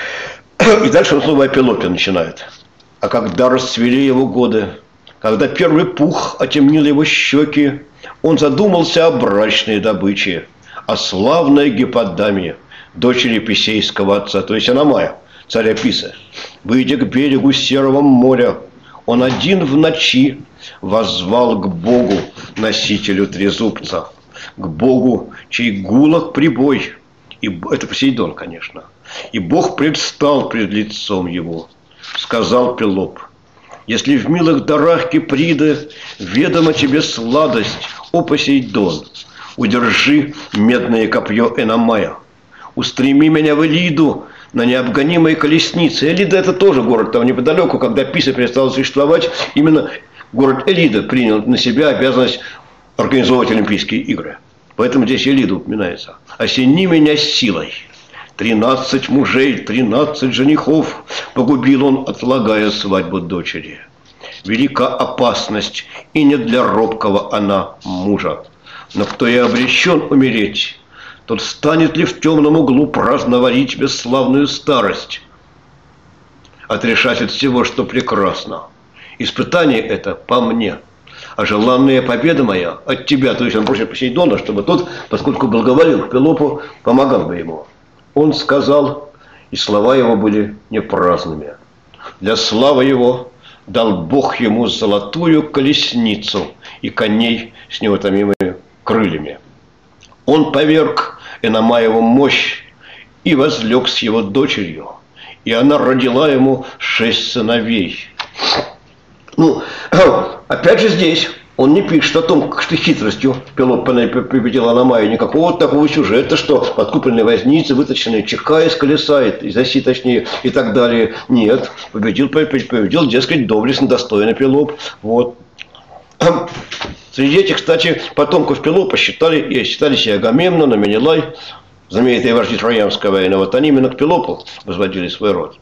И дальше он снова о Пелопе начинает. А когда расцвели его годы, когда первый пух отемнил его щеки, он задумался о брачной добыче, о славной Гипподаме, дочери Писейского отца, то есть Аномая, царя Писы. Выйдя к берегу Серого моря, он один в ночи воззвал к Богу, носителю трезубца, к Богу, чей гулок прибой, и это Посейдон, конечно. И Бог предстал пред лицом его. Сказал Пелоп: если в милых дарах Киприды ведома тебе сладость, о Посейдон, удержи медное копье Эномая, устреми меня в Элиду на необгонимой колеснице. Элида – это тоже город там неподалеку, когда Писа перестала существовать, именно город Элида принял на себя обязанность организовывать Олимпийские игры. Поэтому здесь Элида упоминается. «Осени меня силой». 13 мужей, 13 женихов погубил он, отлагая свадьбу дочери. Велика опасность, и не для робкого она мужа. Но кто и обречен умереть, тот станет ли в темном углу праздновать бесславную старость, отрешать от всего, что прекрасно. Испытание это по мне, а желанная победа моя от тебя. То есть он просит Посейдона, чтобы тот, поскольку благоволил к Пелопу, помогал бы ему. Он сказал, и слова его были не праздными. Для славы его дал Бог ему золотую колесницу и коней с неутомимыми крыльями. Он поверг Эномаеву мощь и возлег с его дочерью, и она родила ему 6 сыновей. Ну, опять же здесь Он не пишет о том, что хитростью Пелопа победила Аномаю, никакого такого сюжета, что подкупленные возницы, вытащенные чека из колеса, из оси точнее, и так далее. Нет, победил, дескать, доблестно, достойно Пелоп. Вот. Среди этих, кстати, потомков Пелопа считались и Агамемнон, и Менелай, знаменитые вожди Троянской войны. Вот они именно к Пелопу возводили свой род.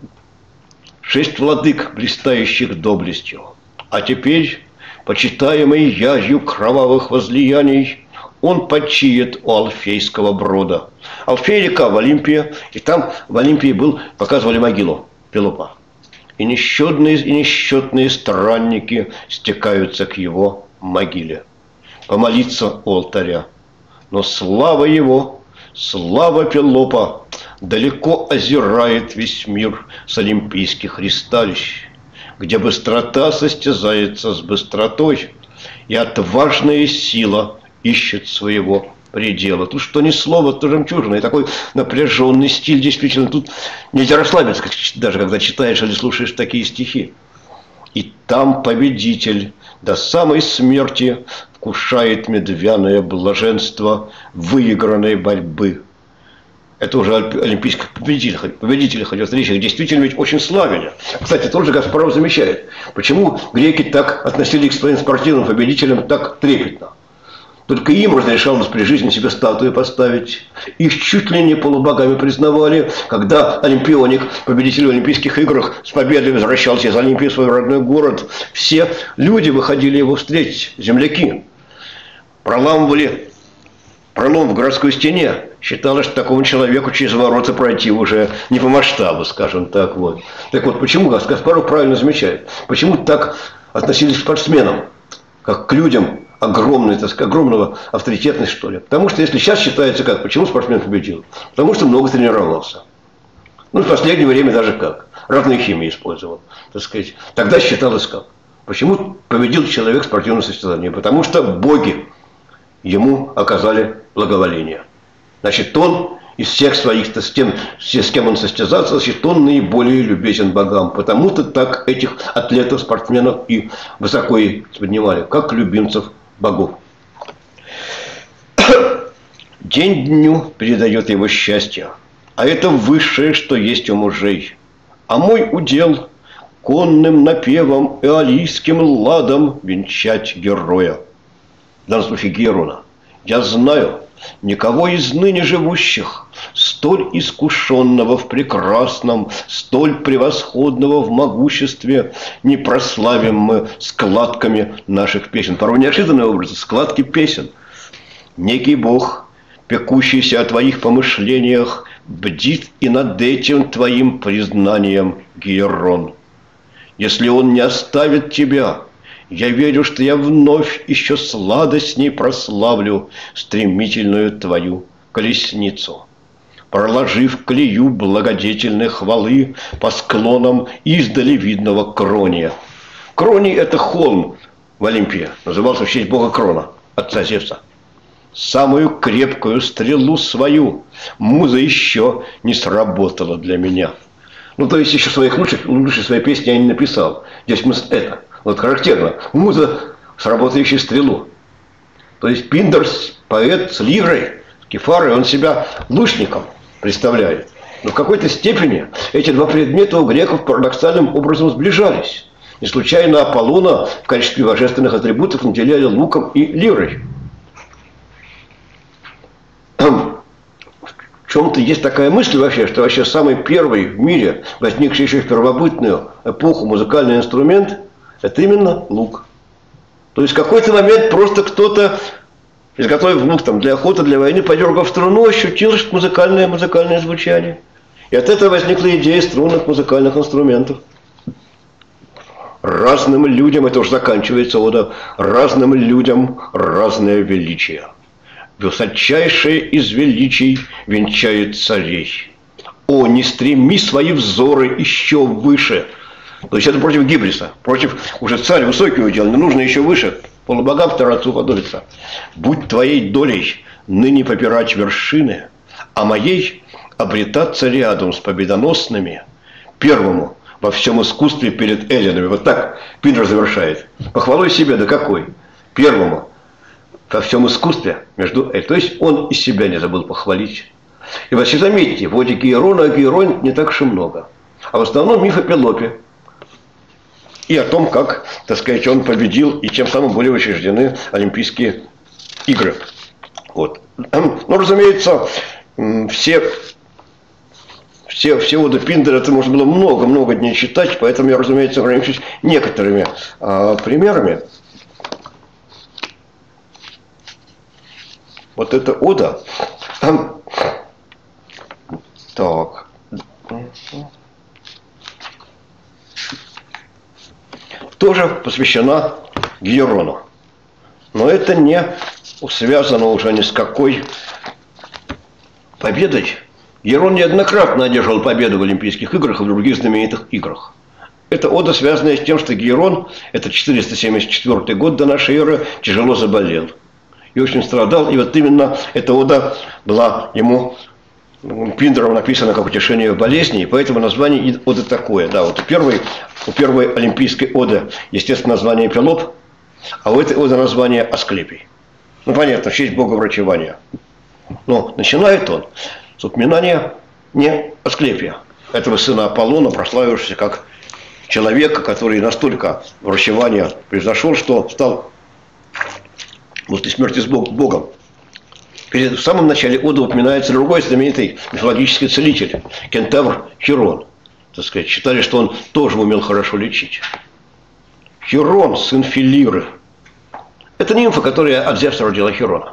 6 владык, блистающих доблестью. А теперь, почитаемый язью кровавых возлияний, он почиет у Алфейского брода. Алфей река в Олимпии, и там в Олимпии показывали могилу Пелопа. И несчетные странники стекаются к его могиле, помолиться у алтаря. Но слава его, слава Пелопа далеко озирает весь мир с олимпийских ристалищ, где быстрота состязается с быстротой, и отважная сила ищет своего предела. Тут что ни слово, то жемчужина. И такой напряженный стиль, действительно, тут нельзя расслабиться, даже когда читаешь или слушаешь такие стихи. И там победитель до самой смерти вкушает медвяное блаженство выигранной борьбы. Это уже олимпийских победителей хотят речь, их действительно ведь очень славили. Кстати, тоже Гаспаров замечает, почему греки так относились к своим спортивным победителям так трепетно. Только им разрешалось при жизни себе статуи поставить. Их чуть ли не полубогами признавали, когда олимпионик, победитель в Олимпийских играх, с победой возвращался из Олимпии в свой родной город. Все люди выходили его встретить, земляки. Проламывали пролом в городской стене. Считалось, что такому человеку через ворота пройти уже не по масштабу, скажем так. Вот. Так вот, почему Гаспаров правильно замечает? Почему так относились к спортсменам, как к людям огромной, так сказать, огромного авторитетности, что ли? Потому что если сейчас считается как, почему спортсмен победил? Потому что много тренировался. Ну, в последнее время даже как. Разные химии использовал, так сказать. Тогда считалось как. Почему победил человек в спортивном состязании? Потому что боги ему оказали благоволение. Значит, он из всех своих, с кем он состязался, значит, он наиболее любезен богам. Потому-то так этих атлетов, спортсменов и высоко и поднимали, как любимцев богов. День дню передает его счастье, а это высшее, что есть у мужей. А мой удел конным напевом и алийским ладом венчать героя. В данном случае Герона. Я знаю, никого из ныне живущих, столь искушенного в прекрасном, столь превосходного в могуществе, не прославим мы складками наших песен. Порой неожиданные образы, складки песен. Некий Бог, пекущийся о твоих помышлениях, бдит и над этим твоим признанием, Герон. Если он не оставит тебя, я верю, что я вновь еще сладостней прославлю стремительную твою колесницу. Проложив колею благодетельной хвалы по склонам издали видного Крония. Кроний – это холм в Олимпии, назывался в честь бога Крона, отца Зевса. Самую крепкую стрелу свою муза еще не сработала для меня. Ну, то есть еще лучшей своей песни я не написал. Здесь мысль это. Вот характерно. Муза, сработающая стрелу. То есть Пиндер, поэт с лирой, с кефарой, он себя лучником представляет. Но в какой-то степени эти два предмета у греков парадоксальным образом сближались. Не случайно Аполлона в качестве божественных атрибутов наделяли луком и лирой. В чем-то есть такая мысль вообще, что вообще самый первый в мире, возникший еще в первобытную эпоху, музыкальный инструмент – это именно лук. То есть в какой-то момент просто кто-то, изготовив лук там, для охоты, для войны, подергав струну, ощутил музыкальное звучание. И от этого возникла идея струнных музыкальных инструментов. Разным людям, это уже заканчивается ода, разным людям разное величие. Высочайшее из величий венчает царей. О, не стреми свои взоры еще выше. То есть это против гибриса, против уже царь высокий удел, не нужно еще выше, полубогам второму подобиться. Будь твоей долей ныне попирать вершины, а моей обретаться рядом с победоносными, первому во всем искусстве перед эллинами. Вот так Пиндер завершает. Похвалой себе, да какой? первому во всем искусстве. То есть он из себя не забыл похвалить. И вообще заметьте, в оде Гейрона Гейрон не так уж и много. А в основном миф о Пелопе. И о том, как, так сказать, он победил, и тем самым были учреждены Олимпийские игры. Вот. Ну, разумеется, все оды Пиндера, это можно было много-много дней читать, поэтому я, разумеется, ограничусь некоторыми примерами. Вот эта ода. Так. Тоже посвящена Гейрону. Но это не связано уже ни с какой победой. Гейрон неоднократно одержал победу в Олимпийских играх и в других знаменитых играх. Это ода, связанная с тем, что Гейрон, это 474 год до нашей эры, тяжело заболел. И очень страдал. И вот именно эта ода была ему Пиндером написана как утешение в болезни, и поэтому название оды такое. Да, вот у первой олимпийской оды, естественно, название Пелоп, а у этой оды название Асклепий. Ну, понятно, в честь бога врачевания. Но начинает он с упоминания не Асклепия, этого сына Аполлона, прославившегося как человека, который настолько врачевания произошел, что стал после смерти с Богом. В самом начале оды упоминается другой знаменитый мифологический целитель, кентавр Хирон. Так сказать, считали, что он тоже умел хорошо лечить. Хирон, сын Филиры. Это нимфа, которая от Зевса родила Хирона.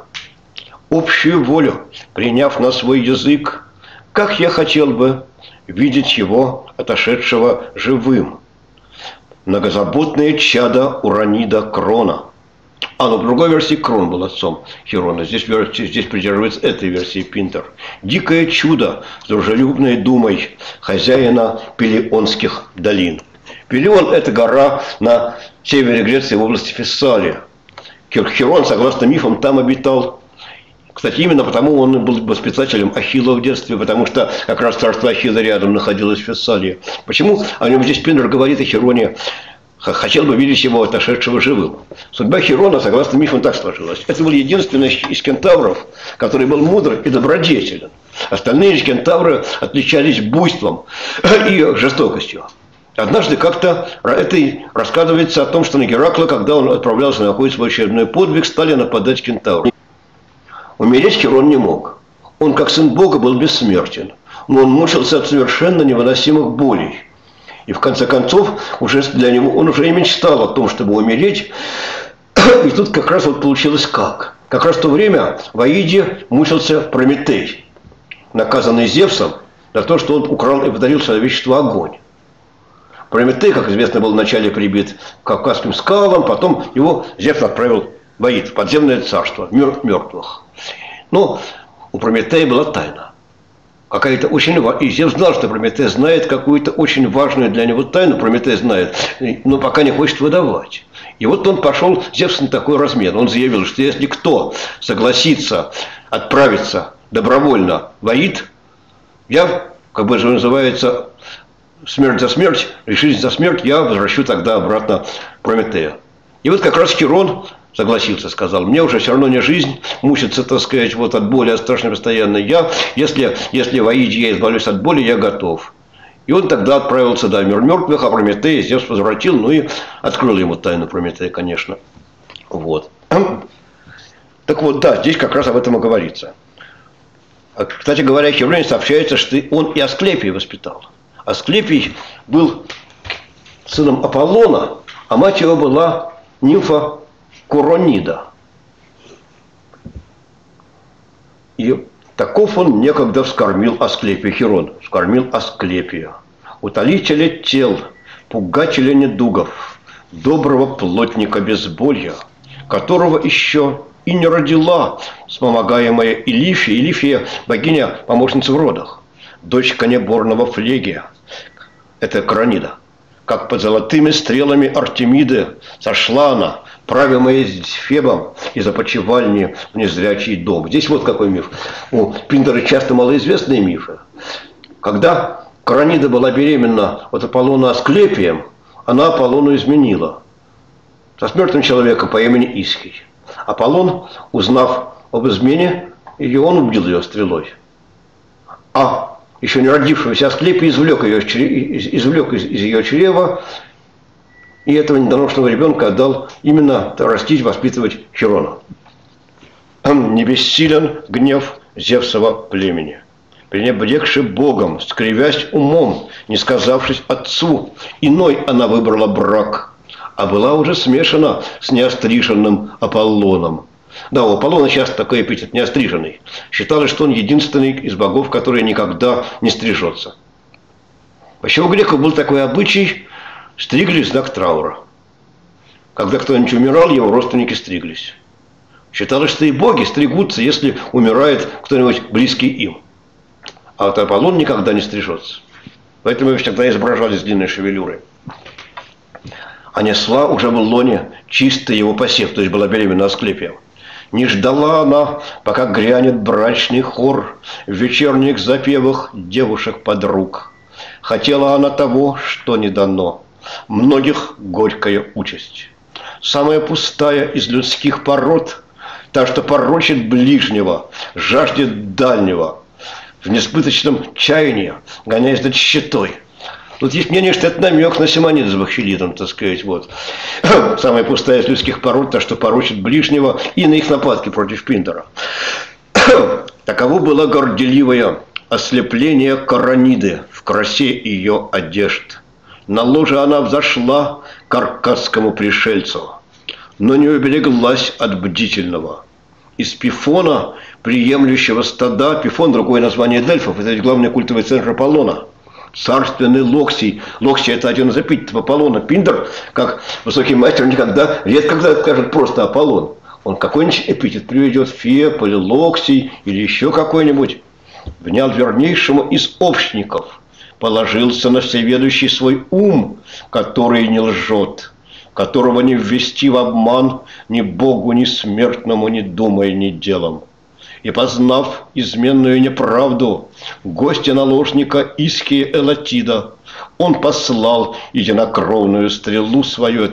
Общую волю, приняв на свой язык, как я хотел бы видеть его, отошедшего живым. Многозаботное чадо Уранида Крона. Но в другой версии Крон был отцом Хирона. Здесь придерживается этой версии Пиндер. Дикое чудо с дружелюбной думой хозяина Пелионских долин. Пелион – это гора на севере Греции в области Фессалия. Хирон, согласно мифам, там обитал. Кстати, именно потому он был воспитателем Ахилла в детстве, потому что как раз царство Ахилла рядом находилось в Фессалии. Почему о нем здесь Пиндер говорит о Хироне? Хотел бы видеть его отошедшего живым. Судьба Хирона, согласно мифам, так сложилась. Это был единственный из кентавров, который был мудр и добродетелен. Остальные же кентавры отличались буйством и жестокостью. Однажды как-то это рассказывается о том, что на Геракла, когда он отправлялся на какой-то свой очередной подвиг, стали нападать кентавры. Умереть Хирон не мог. Он, как сын Бога, был бессмертен. Но он мучился от совершенно невыносимых болей. И в конце концов, уже для него он уже и мечтал о том, чтобы умереть. И тут как раз вот получилось как. Как раз в то время в Аиде мучился Прометей, наказанный Зевсом за то, что он украл и подарил человечеству огонь. Прометей, как известно, был вначале прибит к Кавказским скалам, потом его Зевс отправил в Аид, в подземное царство, мир мертвых. Но у Прометея была тайна. Какая-то очень важная. И Зевс знал, что Прометей знает какую-то очень важную для него тайну. Прометей знает, но пока не хочет выдавать. И вот он пошел, Зевс, на такой размен. Он заявил, что если кто согласится отправиться добровольно в Аид, я, как бы же называется, смерть за смерть, жизнь за смерть, я возвращу тогда обратно Прометея. И вот как раз Хирон согласился, сказал, мне уже все равно не жизнь, мучиться, так сказать, вот от боли, от страшной постоянно. Если в Аиде я избавлюсь от боли, я готов. И он тогда отправился, да, в мир мертвых, а Прометея Зевс возвратил, ну и открыл ему тайну Прометея, конечно. Вот. Так вот, да, здесь как раз об этом и говорится. Кстати говоря, в Хевроне сообщается, что он и Асклепия воспитал. Асклепий был сыном Аполлона, а мать его была нимфа Куронида. И таков он некогда вскормил Асклепия, Хирон, вскормил Асклепия, утолителя тел, пугателя недугов, доброго плотника безболья, которого еще и не родила вспомогаемая Илифия. Илифия – богиня, помощница в родах, дочь конеборного Флегия, это Куронида. Как под золотыми стрелами Артемиды сошла она, правимая Фебом из опочивальни в незрячий дом. Здесь вот какой миф. У Пиндера часто малоизвестные мифы. Когда Куронида была беременна от Аполлона Асклепием, она Аполлону изменила. со смертным человеком по имени Исхий. Аполлон, узнав об измене, и он убил ее стрелой. А еще не родившегося Асклепий извлек из ее чрева, и этого недоношенного ребенка отдал именно растить, воспитывать Херона. Не бессилен гнев Зевсова племени. Пренебрегши Богом, скривясь умом, не сказавшись отцу, иной она выбрала брак, а была уже смешана с неостриженным Аполлоном. Да, у Аполлона сейчас такой эпитет неостриженный. Считалось, что он единственный из богов, который никогда не стрижется. Вообще у греков был такой обычай: стриглись в знак траура. Когда кто-нибудь умирал, его родственники стриглись. Считалось, что и боги стригутся, если умирает кто-нибудь близкий им. А вот Аполлон никогда не стрижется. Поэтому его всегда изображали с длинной шевелюрой. А несла уже в лоне чистый его посев, то есть была беременна Асклепием. Не ждала она, пока грянет брачный хор в вечерних запевах девушек-подруг. Хотела она того, что не дано, многих горькая участь. Самая пустая из людских пород, та, что порочит ближнего, жаждет дальнего, в несбыточном чаянии, гоняясь за тщетой. Тут есть мнение, что это намек на Симонид с Бахчелидом, так сказать, вот. Самая пустая из людских пород, та, что порочит ближнего, и на их нападки против Пиндара. Таково было горделивое ослепление Корониды в красе ее одежд. На ложе она взошла к аркадскому пришельцу, но не убереглась от бдительного. Из Пифона, приемлющего стада, Пифон — другое название Дельфов, это ведь главный культовый центр Аполлона. Царственный Локсий. Локсий — это один из эпитетов Аполлона. Пиндер, как высокий мастер, никогда, редко когда скажет просто Аполлон. Он какой-нибудь эпитет приведет: Феб или Локсий или еще какой-нибудь. Внял вернейшему из общников, положился на всеведущий свой ум, который не лжет, которого не ввести в обман ни Богу, ни смертному, ни думая, ни делом. И, познав изменную неправду гостя-наложника Иския Элатида, он послал единокровную стрелу свою,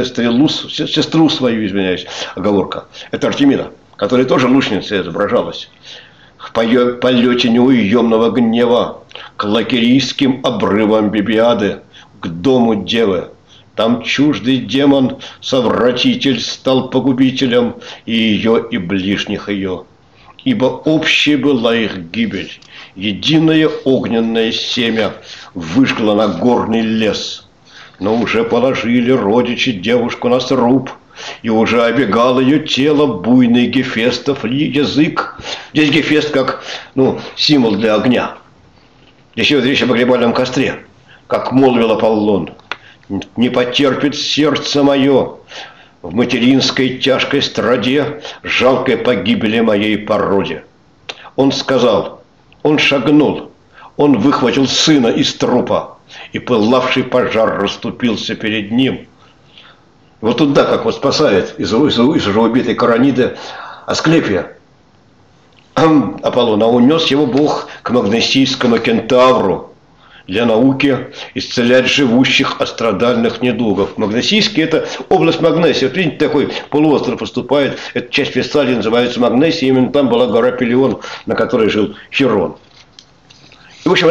сестру свою, извиняюсь, оговорка, это Артемида, которая тоже лучницей изображалась, в полете неуемного гнева к лакерийским обрывам Бибиады, к дому девы. Там чуждый демон, совратитель, стал погубителем и ее, и ближних ее. Ибо общей была их гибель, единое огненное семя выжгло на горный лес. Но уже положили родичи девушку на сруб, и уже обегал ее тело буйный Гефестов язык. Здесь Гефест как символ для огня. Здесь идет речь о погребальном костре. Как молвил Аполлон: «Не потерпит сердце мое в материнской тяжкой страде жалкой погибели моей породе». Он сказал, он шагнул, он выхватил сына из трупа, и пылавший пожар расступился перед ним. Вот туда, как вот спасает из уже убитой Корониды Асклепия Аполлон, а унес его Бог к магнесийскому кентавру для науки исцелять живущих от страдальных недугов. Магнесийский — это область Магнесии. Вот видите, такой полуостров поступает, эта часть Весталии называется Магнесией, именно там была гора Пелион, на которой жил Херон. И, в общем,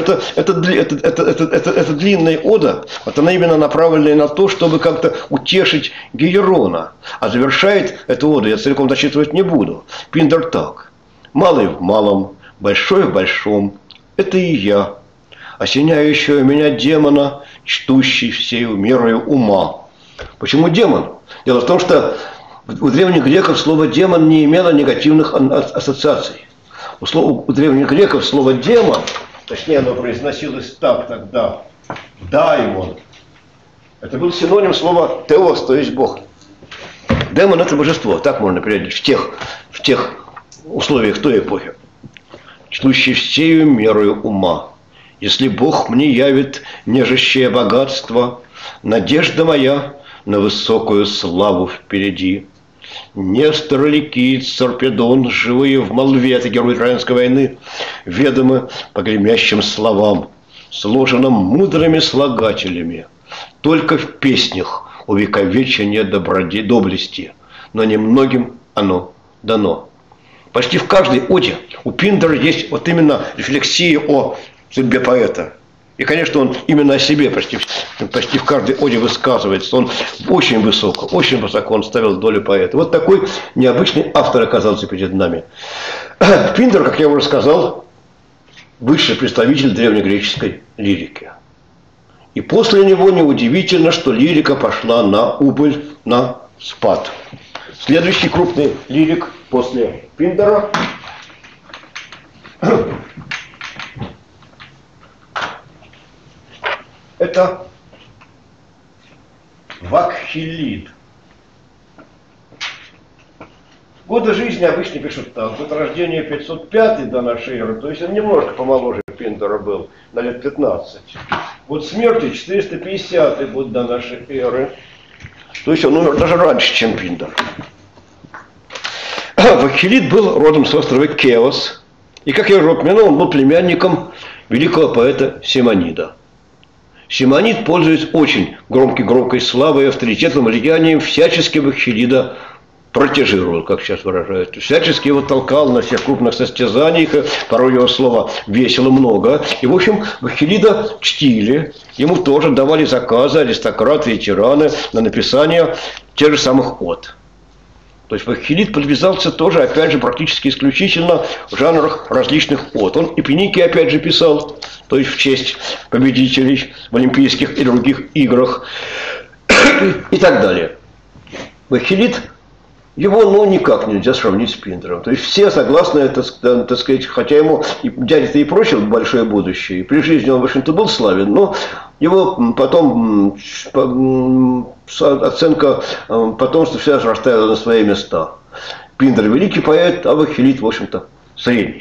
это длинная ода, вот она именно направлена на то, чтобы как-то утешить Гиерона. А завершает эту оду, я целиком дочитывать не буду, Пиндер так: «Малый в малом, большой в большом, это и я, осеняющего меня демона, чтущий всею мерою ума». Почему демон? Дело в том, что у древних греков слово «демон» не имело негативных ассоциаций. У древних греков слово «демон», точнее оно произносилось так тогда, «даймон», это был синоним слова «теос», то есть «бог». Демон — это божество, так можно переводить в тех условиях той эпохи. Чтущий всею мерою ума. Если Бог мне явит нежащее богатство, надежда моя на высокую славу впереди. Нестор, Ликит, Сарпедон, живые в молве, это герой Троянской войны, ведомы по гремящим словам, сложенным мудрыми слагателями. Только в песнях увековечения доблести, но немногим оно дано. Почти в каждой оде у Пиндара есть вот именно рефлексия о судьбе поэта. И, конечно, он именно о себе почти в каждой оде высказывается. Он очень высоко он ставил долю поэта. Вот такой необычный автор оказался перед нами. Пиндар, как я уже сказал, высший представитель древнегреческой лирики. И после него неудивительно, что лирика пошла на убыль, на спад. Следующий крупный лирик после Пиндара – это Вакхилид. Годы жизни обычно пишут так. Год рождения 505 до нашей эры, то есть он немножко помоложе Пиндара был, на лет 15. Год смерти 450 год до нашей эры. То есть он умер даже раньше, чем Пиндар. Вакхилид был родом с острова Кеос. И, как я уже упомянул, он был племянником великого поэта Симонида. Симонид, пользуясь очень громкой славой и авторитетом, влиянием, всячески Вакхилида протежировал, как сейчас выражают. Всячески его толкал на всех крупных состязаниях, порой его слова весило много. И, в общем, Вакхилида чтили, ему тоже давали заказы аристократы и тираны на написание тех же самых од. То есть Вакхилид подвязался тоже, опять же, практически исключительно в жанрах различных од. Он и пеники, опять же, писал, то есть в честь победителей в Олимпийских и других играх и так далее. Вакхилид, его, никак нельзя сравнить с Пиндаром. То есть все согласны, это, так сказать, хотя ему дядя-то и прочил большое будущее, и при жизни он, в общем-то, был славен, но его потом оценка потомства все же расставила на свои места. Пиндар великий поэт, а Вакхилид, в общем-то, средний.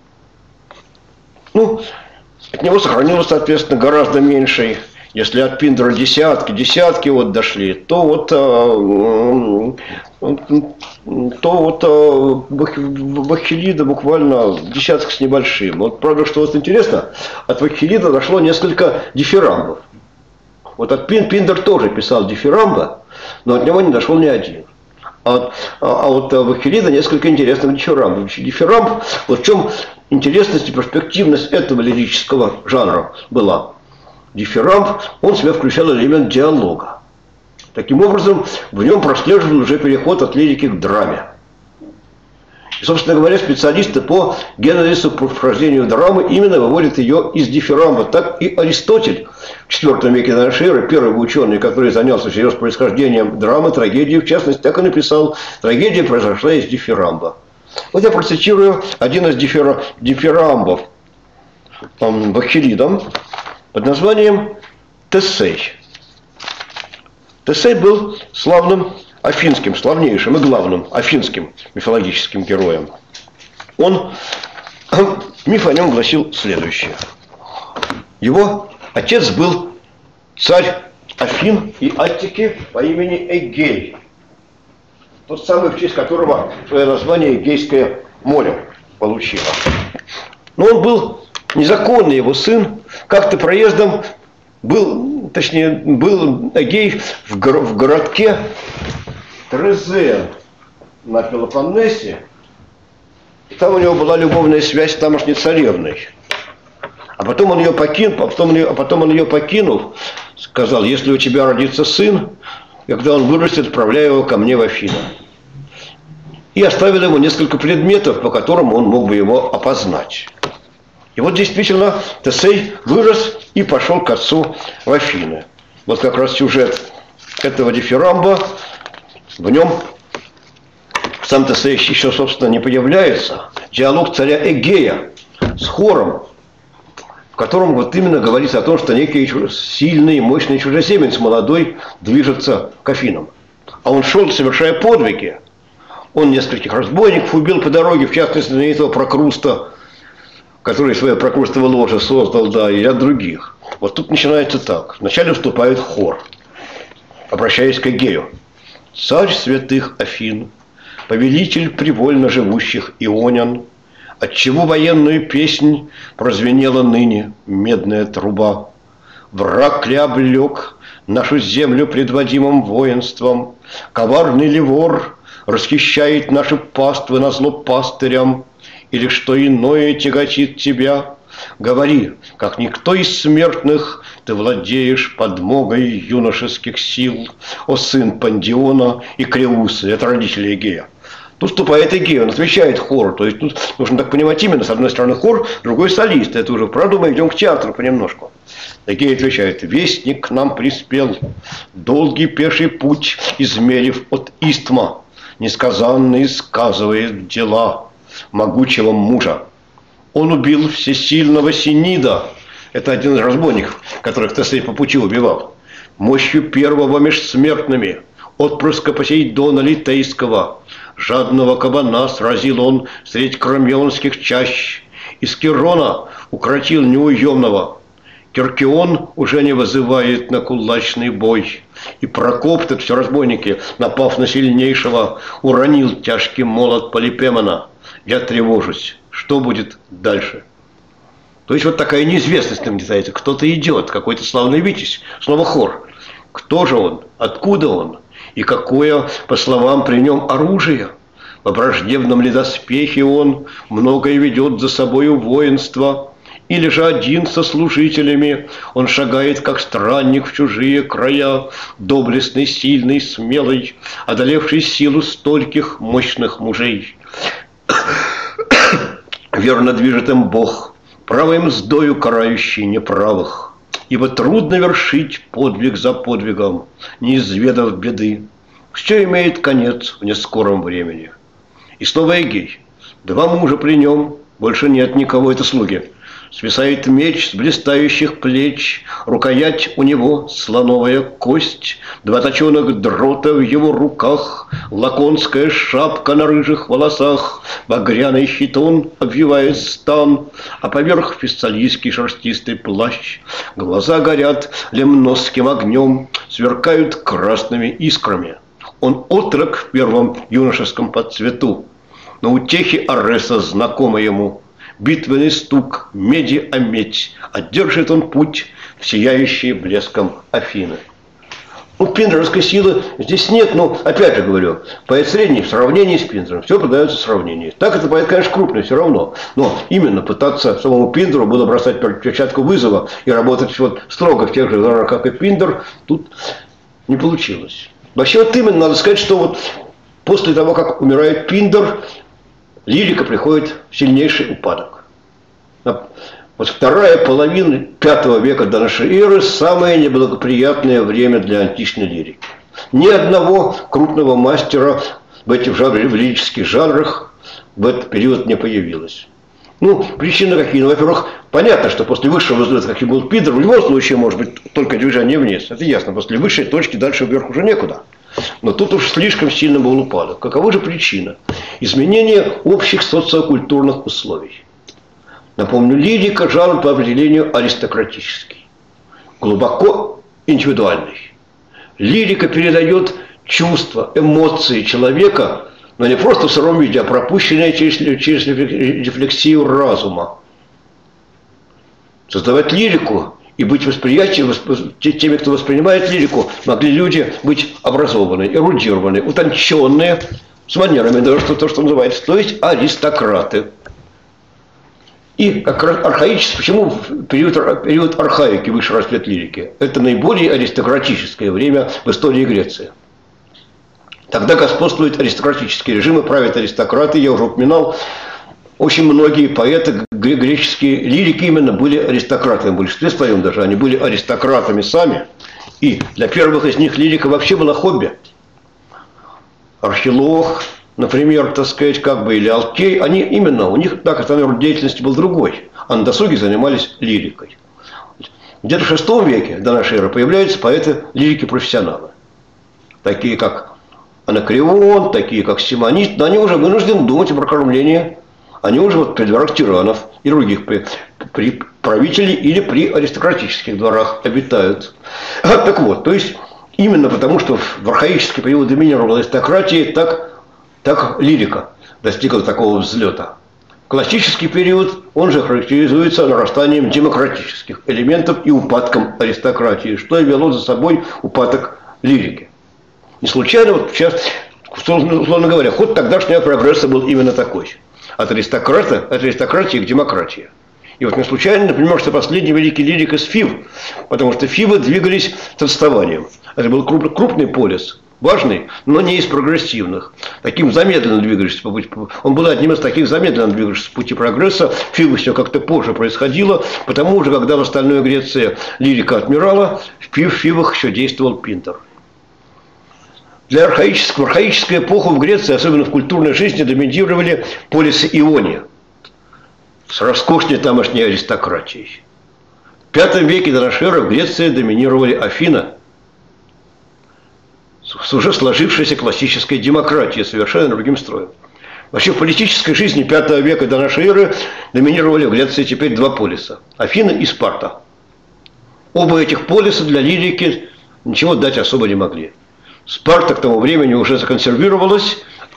От него сохранилось, соответственно, гораздо меньше. Если от Пиндара десятки вот дошли, то Вакхилида буквально десяток с небольшим. Вот, правда, что вот интересно, от Вакхилида дошло несколько дифирамбов. Вот от Пиндар тоже писал дифирамба, но от него не дошел ни один. А вот Вакхилида несколько интересных дифирамбов. Дифирамб, вот в чем интересность и перспективность этого лирического жанра была. Дифирамб, он в себя включал элемент диалога. Таким образом, в нем прослеживал уже переход от лирики к драме. И, собственно говоря, специалисты по генезису, по вхождению драмы именно выводят ее из дифирамба. Так и Аристотель в IV веке до нашей эры, первый ученый, который занялся всерьез происхождением драмы, трагедии, в частности, так и написал: трагедия произошла из дифирамба. Вот я процитирую один из дифирамбов Вакхилидом под названием Тесей. Тесей был славным афинским, славнейшим и главным афинским мифологическим героем. Миф о нем гласил следующее. Его отец был царь Афин и Аттики по имени Эгей. Тот самый, в честь которого свое название Эгейское море получило. Но он был незаконный, его сын как-то проездом был Эгей в городке Трезе на Пелопоннесе. И там у него была любовная связь с тамошней царевной. А потом он ее покинул, сказал: если у тебя родится сын, когда он вырастет, отправляй его ко мне в Афины. И оставил ему несколько предметов, по которым он мог бы его опознать. И вот действительно Тесей вырос и пошел к отцу в Афины. Вот как раз сюжет этого дифирамба, в нем сам Тесей еще, собственно, не появляется. Диалог царя Эгея с хором, в котором вот именно говорится о том, что некий сильный, мощный чужеземец молодой движется к Афинам. А он шел, совершая подвиги. Он нескольких разбойников убил по дороге, в частности, знаменитого Прокруста, который свое прокрустово ложе создал, да, и ряд других. Вот тут начинается так. Вначале вступает хор, обращаясь к Эгею. «Царь святых Афин, повелитель привольно живущих ионян, отчего военную песнь прозвенела ныне медная труба. Враг ли облег нашу землю предводимым воинством. Коварный ли вор расхищает наши паствы назло пастырям, или что иное тяготит тебя? Говори, как никто из смертных, ты владеешь подмогой юношеских сил, о сын Пандиона и Креусы, это родители Эгея. Тут вступает Эгей, он отвечает хору. То есть тут нужно так понимать именно, с одной стороны хор, с другой солист. Это уже, правда, мы идем к театру понемножку. Эгей отвечает: вестник к нам приспел, долгий пеший путь измерив от Истма, несказанный сказывает дела могучего мужа. Он убил всесильного Синида, это один из разбойников, которых Тесей по пути убивал, мощью первого меж смертными, отпрыска Посейдона Литейского. Жадного кабана сразил он средь кромионских чащ, из Кирона укротил неуемного. Киркион уже не вызывает на кулачный бой, и Прокоп, так все разбойники, напав на сильнейшего, уронил тяжкий молот Полипемона. Я тревожусь, что будет дальше? То есть вот такая неизвестность нам детается. Кто-то идет, какой-то славный витязь, снова хор. Кто же он? Откуда он? И какое, по словам, при нем оружие? В враждебном ли доспехе он многое ведет за собою воинство? Или же один со служителями он шагает, как странник в чужие края, доблестный, сильный, смелый, одолевший силу стольких мощных мужей? Верно движет им Бог, правой мздою карающий неправых. Ибо трудно вершить подвиг за подвигом, не изведав беды. Все имеет конец в нескором времени. И снова Эгей. Два мужа при нем, больше нет никого, это слуги. Свисает меч с блистающих плеч, рукоять у него слоновая кость, два точеных дрота в его руках, лаконская шапка на рыжих волосах, багряный хитон обвивает стан, а поверх фессалийский шерстистый плащ. Глаза горят лемносским огнем, сверкают красными искрами. Он отрок в первом юношеском подцвету, но утехи Ареса знакомы ему. Битвенный стук, меди о медь, одержит он путь в сияющие блеском Афины. Ну, пиндеровской силы здесь нет, но, опять же говорю, поэт средний в сравнении с Пиндером, все подается в сравнении. Так это поэт, конечно, крупный все равно, но именно пытаться самому Пиндеру было бросать перчатку вызова и работать вот строго в тех же жанрах, как и Пиндер, тут не получилось. Вообще вот именно надо сказать, что вот после того, как умирает Пиндер, лирика приходит в сильнейший упадок. Вот вторая половина V века до нашей эры – самое неблагоприятное время для античной лирики. Ни одного крупного мастера в этих в лирических жанрах в этот период не появилось. Ну, причины какие? Ну, во-первых, понятно, что после высшего взлета, каким был Пиндер, в любом случае может быть только движение вниз. Это ясно. После высшей точки дальше вверх уже некуда. Но тут уж слишком сильно был упадок. Какова же причина? Изменение общих социокультурных условий. Напомню, лирика – жанр по определению аристократический, глубоко индивидуальный. Лирика передает чувства, эмоции человека, но не просто в сыром виде, а пропущенные через рефлексию разума. Создавать лирику и быть восприятием, теми, кто воспринимает лирику, могли люди быть образованные, эрудированные, утонченные, с манерами, даже то, что называется, то есть аристократы. И как архаический, почему период архаики, высший расцвет лирики? Это наиболее аристократическое время в истории Греции. Тогда господствуют аристократические режимы, правят аристократы, я уже упоминал. Очень многие поэты, греческие лирики именно были аристократами, в большинстве своем даже, они были аристократами сами. И для первых из них лирика вообще была хобби. Архилох, например, так сказать, как бы, или Алкей, они именно, у них, так, основной род деятельности был другой. А на досуге занимались лирикой. Где-то в VI веке до нашей эры появляются поэты лирики-профессионалы. Такие как Анакреон, такие как Симонид, но они уже вынуждены думать об прокормлении. Они уже вот при дворах тиранов и других при правителей или при аристократических дворах обитают. Так вот, то есть именно потому, что в архаический период доминировала аристократия, так лирика достигла такого взлета. В Классический период, он же характеризуется нарастанием демократических элементов и упадком аристократии, что и вело за собой упадок лирики. Не случайно, вот сейчас, условно говоря, ход тогдашнего прогресса был именно такой. От аристократии к демократии. И вот не случайно, например, что последний великий лирик из Фив, потому что Фивы двигались с отставанием. Это был крупный полис, важный, но не из прогрессивных. Таким замедленно двигались по пути. Он был одним из таких замедленно двигавшихся по пути прогресса. В Фивах все как-то позже происходило, потому же, когда в остальной Греции лирика отмирала, в Фивах еще действовал Пинтер. В архаическую эпоху в Греции, особенно в культурной жизни, доминировали полисы Иония с роскошной тамошней аристократией. В V веке до нашей эры в Греции доминировали Афины с уже сложившейся классической демократией, совершенно другим строем. Вообще в политической жизни V века до нашей эры доминировали в Греции теперь два полиса – Афины и Спарта. Оба этих полиса для лирики ничего дать особо не могли. Спарта к тому времени уже законсервировалась,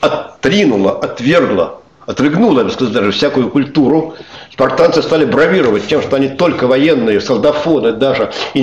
отрыгнула, я бы сказал, даже всякую культуру. Спартанцы стали бравировать тем, что они только военные, солдафоны даже, и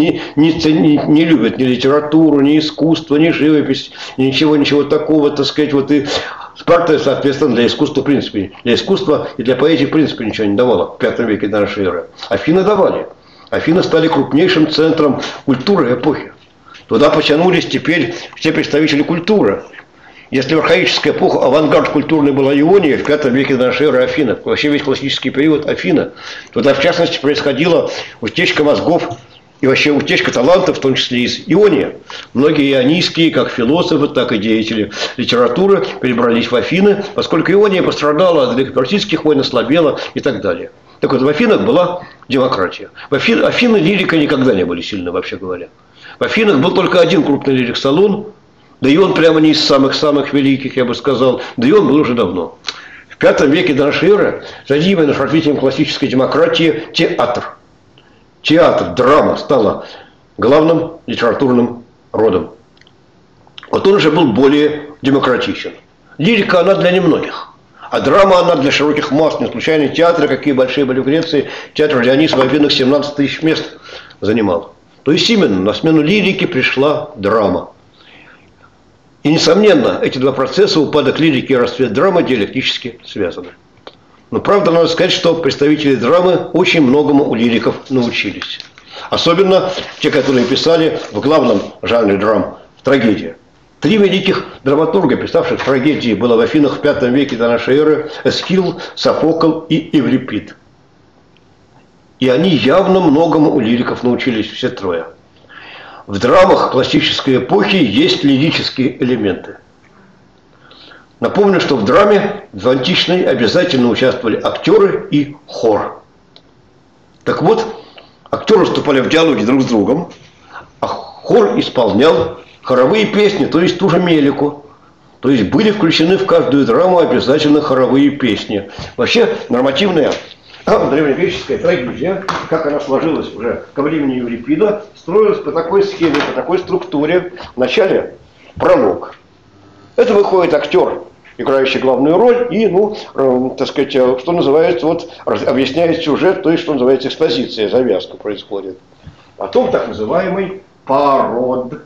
не любят ни литературу, ни искусство, ни живопись, ничего такого, так сказать, вот и Спарта, соответственно, для искусства, в принципе, для искусства и для поэзии, в принципе, ничего не давала в V веке до нашей эры. Афины давали. Афины стали крупнейшим центром культуры эпохи. Туда потянулись теперь все представители культуры. Если в архаическую эпоху авангард культурный была Иония, в V веке до нашей эры Афина, вообще весь классический период Афина, туда в частности происходила утечка мозгов и вообще утечка талантов, в том числе из Иония. Многие ионийские, как философы, так и деятели литературы, перебрались в Афины, поскольку Иония пострадала от греко-персидских войн, ослабела и так далее. Так вот, в Афинах была демократия. Афины лирика никогда не были сильны, вообще говоря. В Афинах был только один крупный лирик Солун, да и он прямо не из самых-самых великих, я бы сказал, да и он был уже давно. В V веке до нашей эры задействован развитием классической демократии театр. Театр, драма стала главным литературным родом. Вот он уже был более демократичен. Лирика, она для немногих. А драма, она для широких масс. Не случайно театры, какие большие были в Греции, театр Дионис в Афинах 17 тысяч мест занимал. То есть именно на смену лирике пришла драма. И, несомненно, эти два процесса, упадок лирики и расцвет драмы, диалектически связаны. Но, правда, надо сказать, что представители драмы очень многому у лириков научились. Особенно те, которые писали в главном жанре драм – трагедия. Три великих драматурга, писавших трагедии, было в Афинах в V веке до нашей эры – Эсхил, Софокл и Еврипид. И они явно многому у лириков научились, все трое. В драмах классической эпохи есть лирические элементы. Напомню, что в драме в античной обязательно участвовали актеры и хор. Так вот, актеры вступали в диалоги друг с другом, а хор исполнял хоровые песни, то есть ту же мелику. То есть были включены в каждую драму обязательно хоровые песни. Вообще нормативная древнегреческая трагедия, как она сложилась уже ко времени Еврипида, строилась по такой схеме, по такой структуре. Вначале пролог. Это выходит актер, играющий главную роль, и, так сказать, что называется, вот, объясняет сюжет, то есть, что называется, экспозиция, завязка происходит. Потом так называемый парод.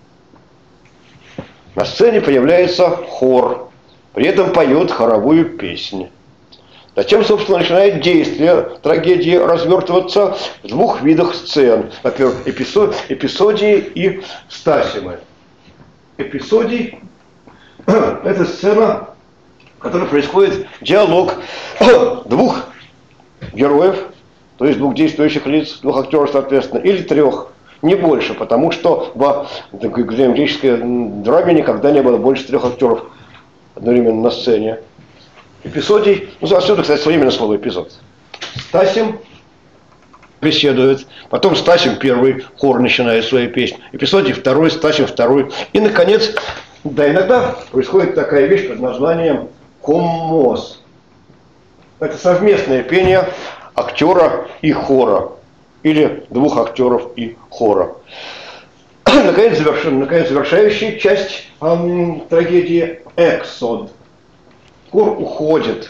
На сцене появляется хор, при этом поет хоровую песню. Затем, собственно, начинает действие трагедии развертываться в двух видах сцен. Во-первых, эпизодии и стасимы. Эпизодий – это сцена, в которой происходит диалог двух героев, то есть двух действующих лиц, двух актеров, соответственно, или трех, не больше, потому что в греческой драме никогда не было больше трех актеров одновременно на сцене. Эпизодий, отсюда, кстати, современное слово эпизод. Стасим беседует, потом Стасим первый, хор начинает свою песню, эпизодий второй, Стасим второй. И, наконец, да, иногда происходит такая вещь под названием коммос. Это совместное пение актера и хора, или двух актеров и хора. Наконец, завершающая часть трагедии эксод. Хор уходит.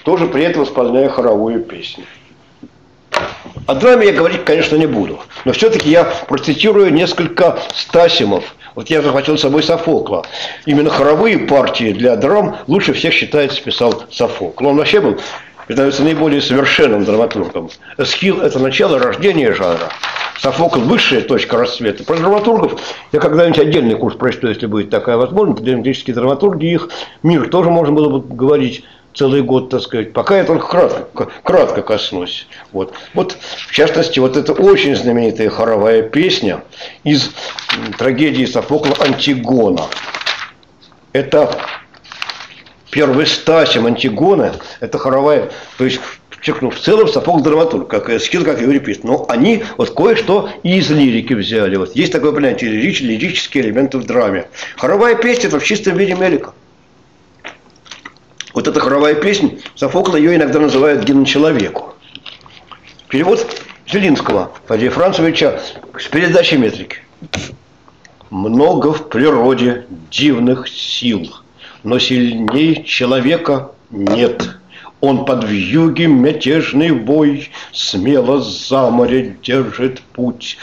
тоже при этом исполняя хоровую песню. О драме я говорить, конечно, не буду, но все-таки я процитирую несколько стасимов. Вот я захватил с собой Софокла. Именно хоровые партии для драм лучше всех, считается, писал Софокл. Он вообще был, считается, наиболее совершенным драматургом. Эсхил – это начало рождения жанра. Софокл – высшая точка расцвета. Про драматургов я когда-нибудь отдельный курс прочту, если будет такая возможность. Драматические драматурги, их мир тоже можно было бы говорить целый год, так сказать. Пока я только кратко коснусь. Вот, в частности, вот эта очень знаменитая хоровая песня из трагедии Софокла «Антигона». Это первый стасим Антигоны, это хоровая, то есть, подчеркну, в целом Софокл драматург, как Эсхил, как Еврипист. Но они вот кое-что и из лирики взяли. Вот есть такое понятие лирические элементы в драме. Хоровая песня – это в чистом виде мелика. Вот эта хоровая песня, Софокл ее иногда называют гимн человеку. Перевод Зелинского, Фадея Францевича, с передачей метрики. Много в природе дивных сил, но сильней человека нет. Он под вьюги мятежный вой смело за море держит путь.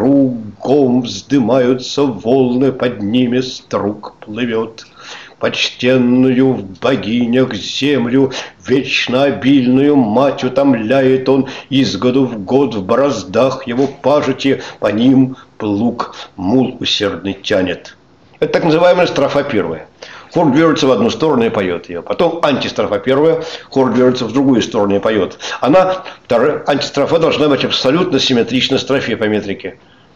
Кругом вздымаются волны, под ними струк плывет. Почтенную в богинях землю, вечно обильную мать утомляет он, из года в год в бороздах его пажити по ним плуг мул усердный тянет. Это так называемая строфа первая. Хор движется в одну сторону и поет ее. Потом антистрофа первая, хор движется в другую сторону и поет. Антистрофа должна быть абсолютно симметрична строфе по метрике.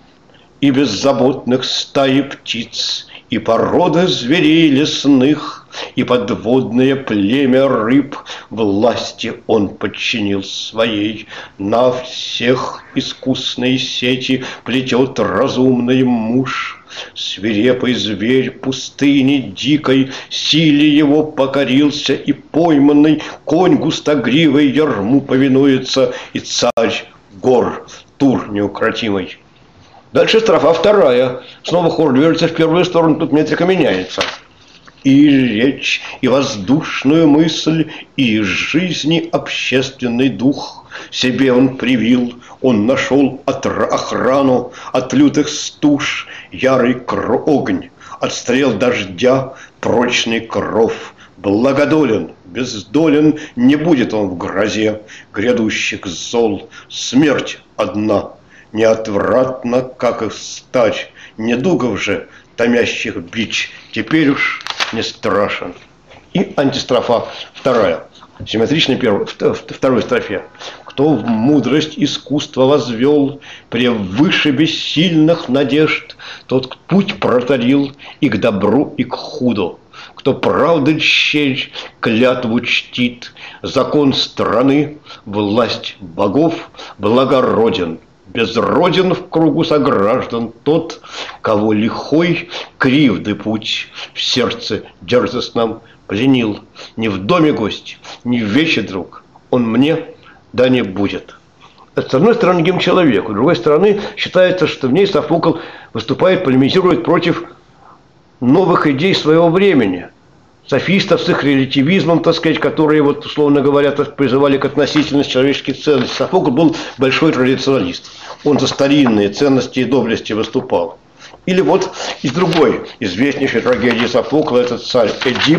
И беззаботных стаи птиц, и породы зверей лесных, и подводное племя рыб власти он подчинил своей. На всех искусные сети плетет разумный муж. Свирепый зверь пустыни дикой силе его покорился, и пойманный конь густогривой ярму повинуется, и царь гор Тур неукротимый. Дальше строфа вторая. Снова хор движется в первую сторону, тут метрика меняется. И речь, и воздушную мысль, и из жизни общественный дух себе он привил. Он нашел охрану от лютых стуж, ярый огонь, от стрел дождя прочный кров. Благодолен, бездолен не будет он в грозе грядущих зол. Смерть одна неотвратно, как и стать, недугов же, томящих бич, теперь уж не страшен. И антистрофа вторая, симметричной второй строфе. Кто в мудрость искусства возвел, превыше бессильных надежд, тот путь протарил и к добру, и к худу. Кто правды щель, клятву чтит, закон страны, власть богов, благороден. Безроден в кругу сограждан тот, кого лихой кривды путь в сердце дерзостном пленил. Не в доме гость, не в вече друг, он мне да не будет. С одной стороны, гимн человеку, с другой стороны, считается, что в ней Софокл выступает, полемизирует против новых идей своего времени. Софистов с их релятивизмом, так сказать, которые, вот, условно говоря, призывали к относительности человеческих ценностей. Софокл был большой традиционалист. Он за старинные ценности и доблести выступал. Или вот из другой известнейшей трагедии Софокла, этот царь Эдип,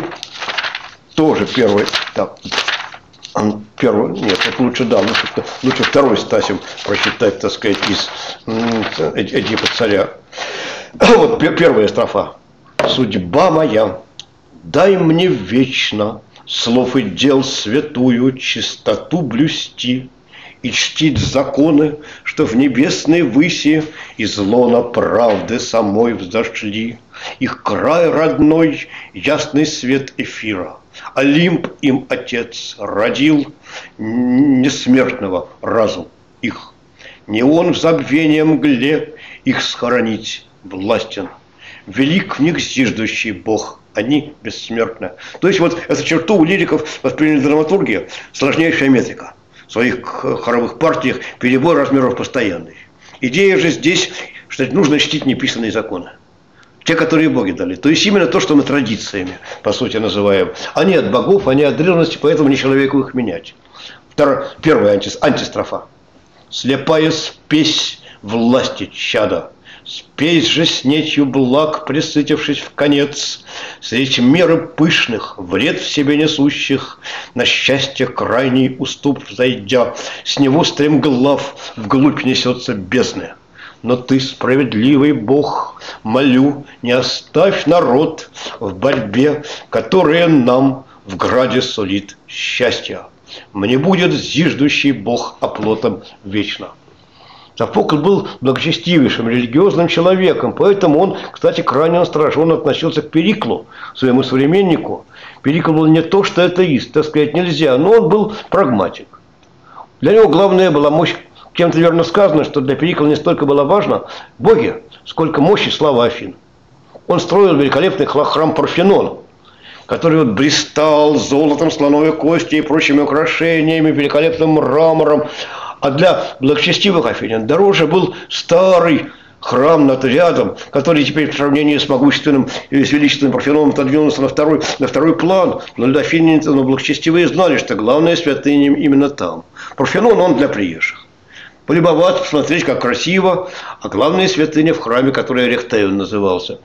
тоже первый, нет, вот лучше второй стасим прочитать, так сказать, из Эдипа царя. Вот первая строфа. «Судьба моя, дай мне вечно слов и дел святую чистоту блюсти и чтить законы, что в небесной выси из лона правды самой взошли. Их край родной, ясный свет эфира, Олимп им Отец родил, несмертного разум их. Не он в забвении мгле их схоронить властен. Велик в них зиждущий Бог, они бессмертны». То есть вот эту черту у лириков восприняли драматургия, сложнейшая метрика. В своих хоровых партиях перебор размеров постоянный. Идея же здесь, что нужно чтить неписанные законы. те, которые боги дали. То есть именно то, что мы традициями, по сути, называем. Они от богов, они от древности, поэтому не человеку их менять. Первая антистрофа. «Слепая спесь власти чада, спесь же с нечью благ, присытившись в конец, средь меры пышных, вред в себе несущих, на счастье крайний уступ зайдя, с него стремглав вглубь несется бездны. Но ты, справедливый Бог, молю, не оставь народ в борьбе, которая нам в граде сулит счастье. Мне будет зиждущий Бог оплотом вечно». Софокл был благочестивейшим религиозным человеком, поэтому он, кстати, крайне настороженно относился к Периклу, своему современнику. Перикл был не то, что атеист, так сказать, нельзя, но он был прагматик. Для него главное была мощь. Кем-то верно сказано, что для Перикла не столько было важно боги, сколько мощь и слава Афин. Он строил великолепный храм Парфенона, который вот блистал золотом, слоновой костью и прочими украшениями, великолепным мрамором. А для благочестивых афинян дороже был старый храм над рядом, который теперь в сравнении с могущественным и с величественным Парфеноном отодвинулся на второй план. Но для афинян, но благочестивые знали, что главная святыня именно там. Парфенон он для приезжих. Полюбоваться, посмотреть, как красиво, а главная святыня в храме, который Эрехтеон назывался.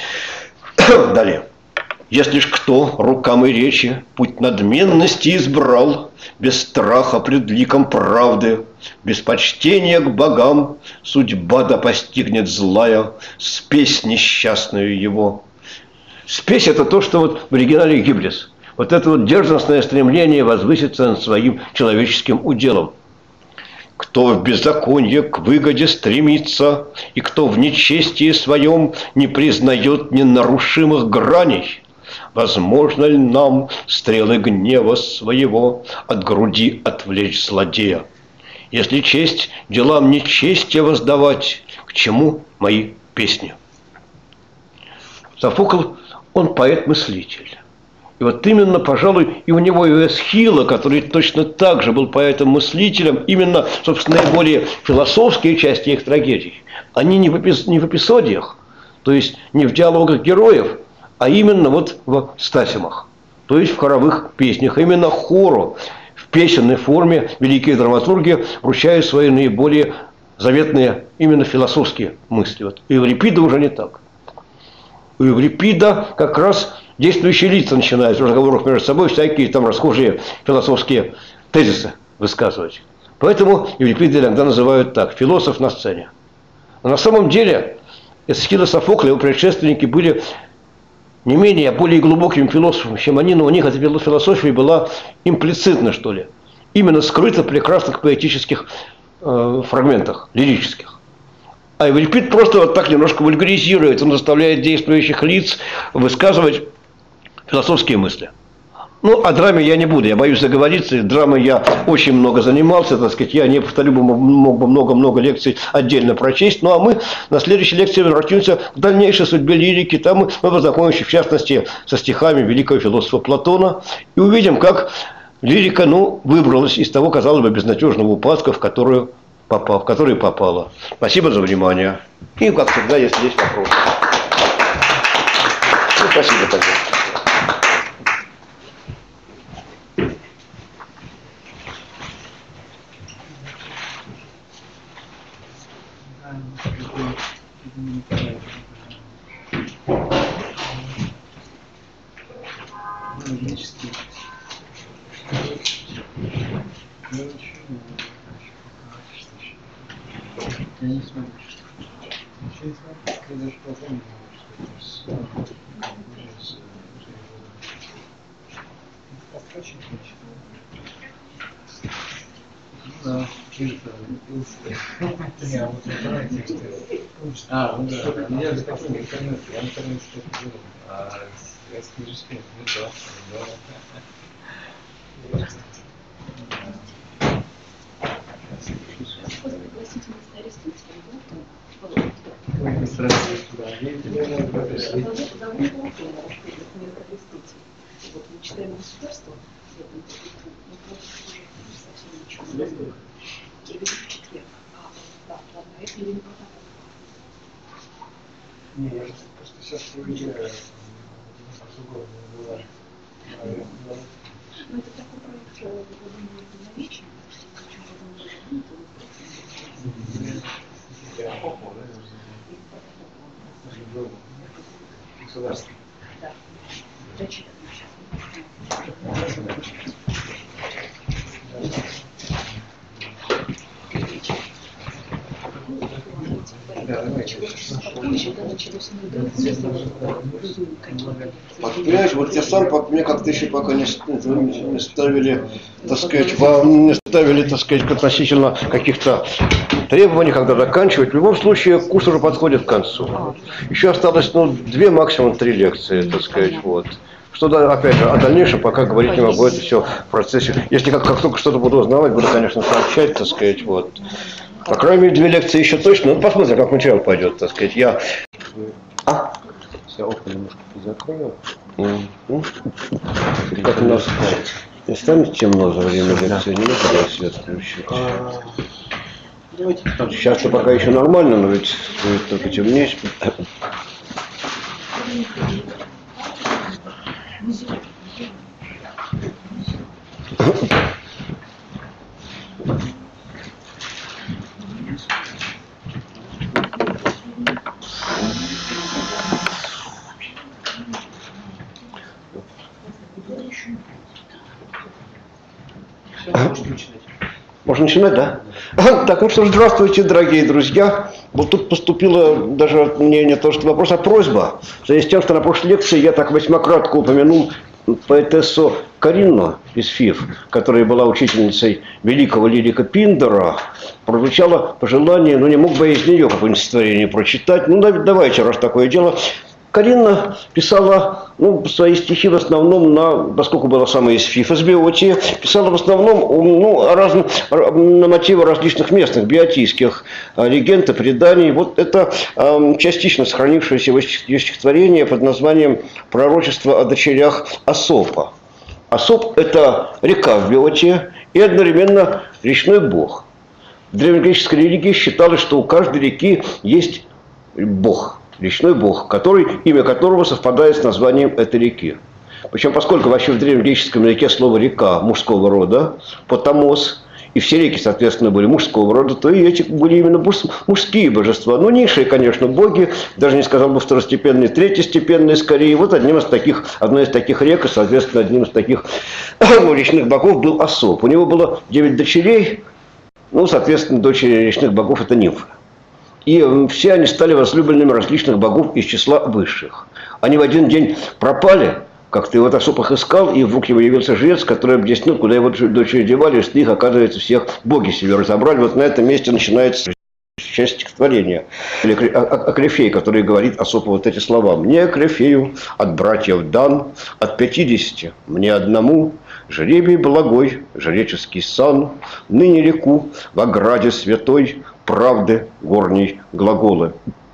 Далее. «Если ж кто рукам и речи путь надменности избрал, без страха пред ликом правды, без почтения к богам, судьба да постигнет злая, спесь несчастную его». Спесь – это то, что вот в оригинале гиблис. Вот это вот дерзостное стремление возвыситься над своим человеческим уделом. «Кто в беззаконие к выгоде стремится, и кто в нечестии своем не признает ненарушимых граней, возможно ли нам стрелы гнева своего от груди отвлечь злодея? Если честь делам нечестия воздавать, к чему мои песни?» Софокл, он поэт-мыслитель. И вот именно, пожалуй, и у него и Эсхила, который точно так же был поэтом-мыслителем, именно, собственно, наиболее философские части их трагедий, они не в эпизодиях, то есть не в диалогах героев, а именно вот в стасимах, то есть в хоровых песнях. Именно хору в песенной форме великие драматурги вручают свои наиболее заветные именно философские мысли. Вот у Еврипида уже не так. У Еврипида как раз действующие лица начинают в разговорах между собой всякие там расхожие философские тезисы высказывать. Поэтому Еврипида иногда называют так: философ на сцене. Но на самом деле Эсхил и Софокл, его предшественники, были не менее, а более глубокими философами, чем они, но у них эта философия была имплицитна, что ли. Именно скрыта в прекрасных поэтических фрагментах, лирических. А Еврипид просто вот так немножко вульгаризирует, он заставляет действующих лиц высказывать философские мысли. Ну, о драме я не буду, я боюсь заговориться. Драмой я очень много занимался, так сказать, я не повторю, мог бы много-много лекций отдельно прочесть. Ну, а мы на следующей лекции обратимся к дальнейшей судьбе лирики. Там мы познакомимся, в частности, со стихами великого философа Платона и увидим, как лирика, выбралась из того, казалось бы, безнадежного упадка, в который попала. Спасибо за внимание. И, как всегда, если есть вопросы. Спасибо тогда. Я не смотрю. Я даже потом да, я вот выбираю тексты. Ну да. Я же такой интернет, я интернет что-то делаю. Я скажу, что да. Мы читаем государство, совсем ничего. Я веду в четверг. Да, ладно, это или не Не, я просто сейчас проверяю, другое было. Ну, это такой проект динамичный, Государство. Да. Зачитано Понимаешь, вот я сам, мне как-то еще пока не ставили, так сказать, вам не ставили, так сказать, относительно каких-то требований, когда заканчивать. В любом случае, курс уже подходит к концу. Еще осталось, 2, максимум 3 лекции, так сказать, вот. Что, опять же, о дальнейшем пока говорить не могу, это все в процессе. Если как только что-то буду узнавать, буду, конечно, сообщать, так сказать, вот. По крайней мере, 2 лекции еще точно. Ну, посмотрим, как материал пойдет, так сказать. Я... Я окна немножко закрою. Как у нас не станет темно за время лекции, не надо свет включить. Сейчас-то пока еще нормально, но ведь будет только темнее. Можно начинать, да? Так, ну что ж, здравствуйте, дорогие друзья. Вот тут поступило даже не то, что вопрос, а просьба. В связи с тем, что на прошлой лекции я так весьмакратко упомянул поэтессу Каринну из ФИФ, которая была учительницей великого лирика Пиндера, прозвучало пожелание, не мог бы я из нее какое-нибудь стихотворение прочитать. Давайте, раз такое дело. Каринна писала свои стихи в основном поскольку была сама из ФИФ, из биотии, писала в основном на мотивы различных местных биотийских легенд и преданий. Вот это частично сохранившееся ее стихотворение под названием «Пророчество о дочерях Асопа». Асоп – это река в биотии и одновременно речной бог. В древнегреческой религии считалось, что у каждой реки есть бог. Речной бог, имя которого совпадает с названием этой реки. Причем, поскольку вообще в древнегреческом языке слово «река» мужского рода, потомос, и все реки, соответственно, были мужского рода, то и эти были именно мужские божества. Низшие, конечно, боги, даже не сказал бы второстепенные, третьестепенные скорее. Вот одной из таких рек, и, соответственно, одним из таких речных богов был Асоп. У него было 9 дочерей, соответственно, дочери речных богов – это нимфы. И все они стали возлюбленными различных богов из числа высших. Они в один день пропали, как-то его Асоп их искал, и вдруг ему явился жрец, который объяснил, куда его дочери девали, что их, оказывается, всех боги себе разобрали. Вот на этом месте начинается часть стихотворения. Акрефей, который говорит Асопу вот эти слова. «Мне, Акрефею, от братьев дан, от 50 мне одному, жребий благой, жреческий сан, ныне реку в ограде святой, правды горней глаголы.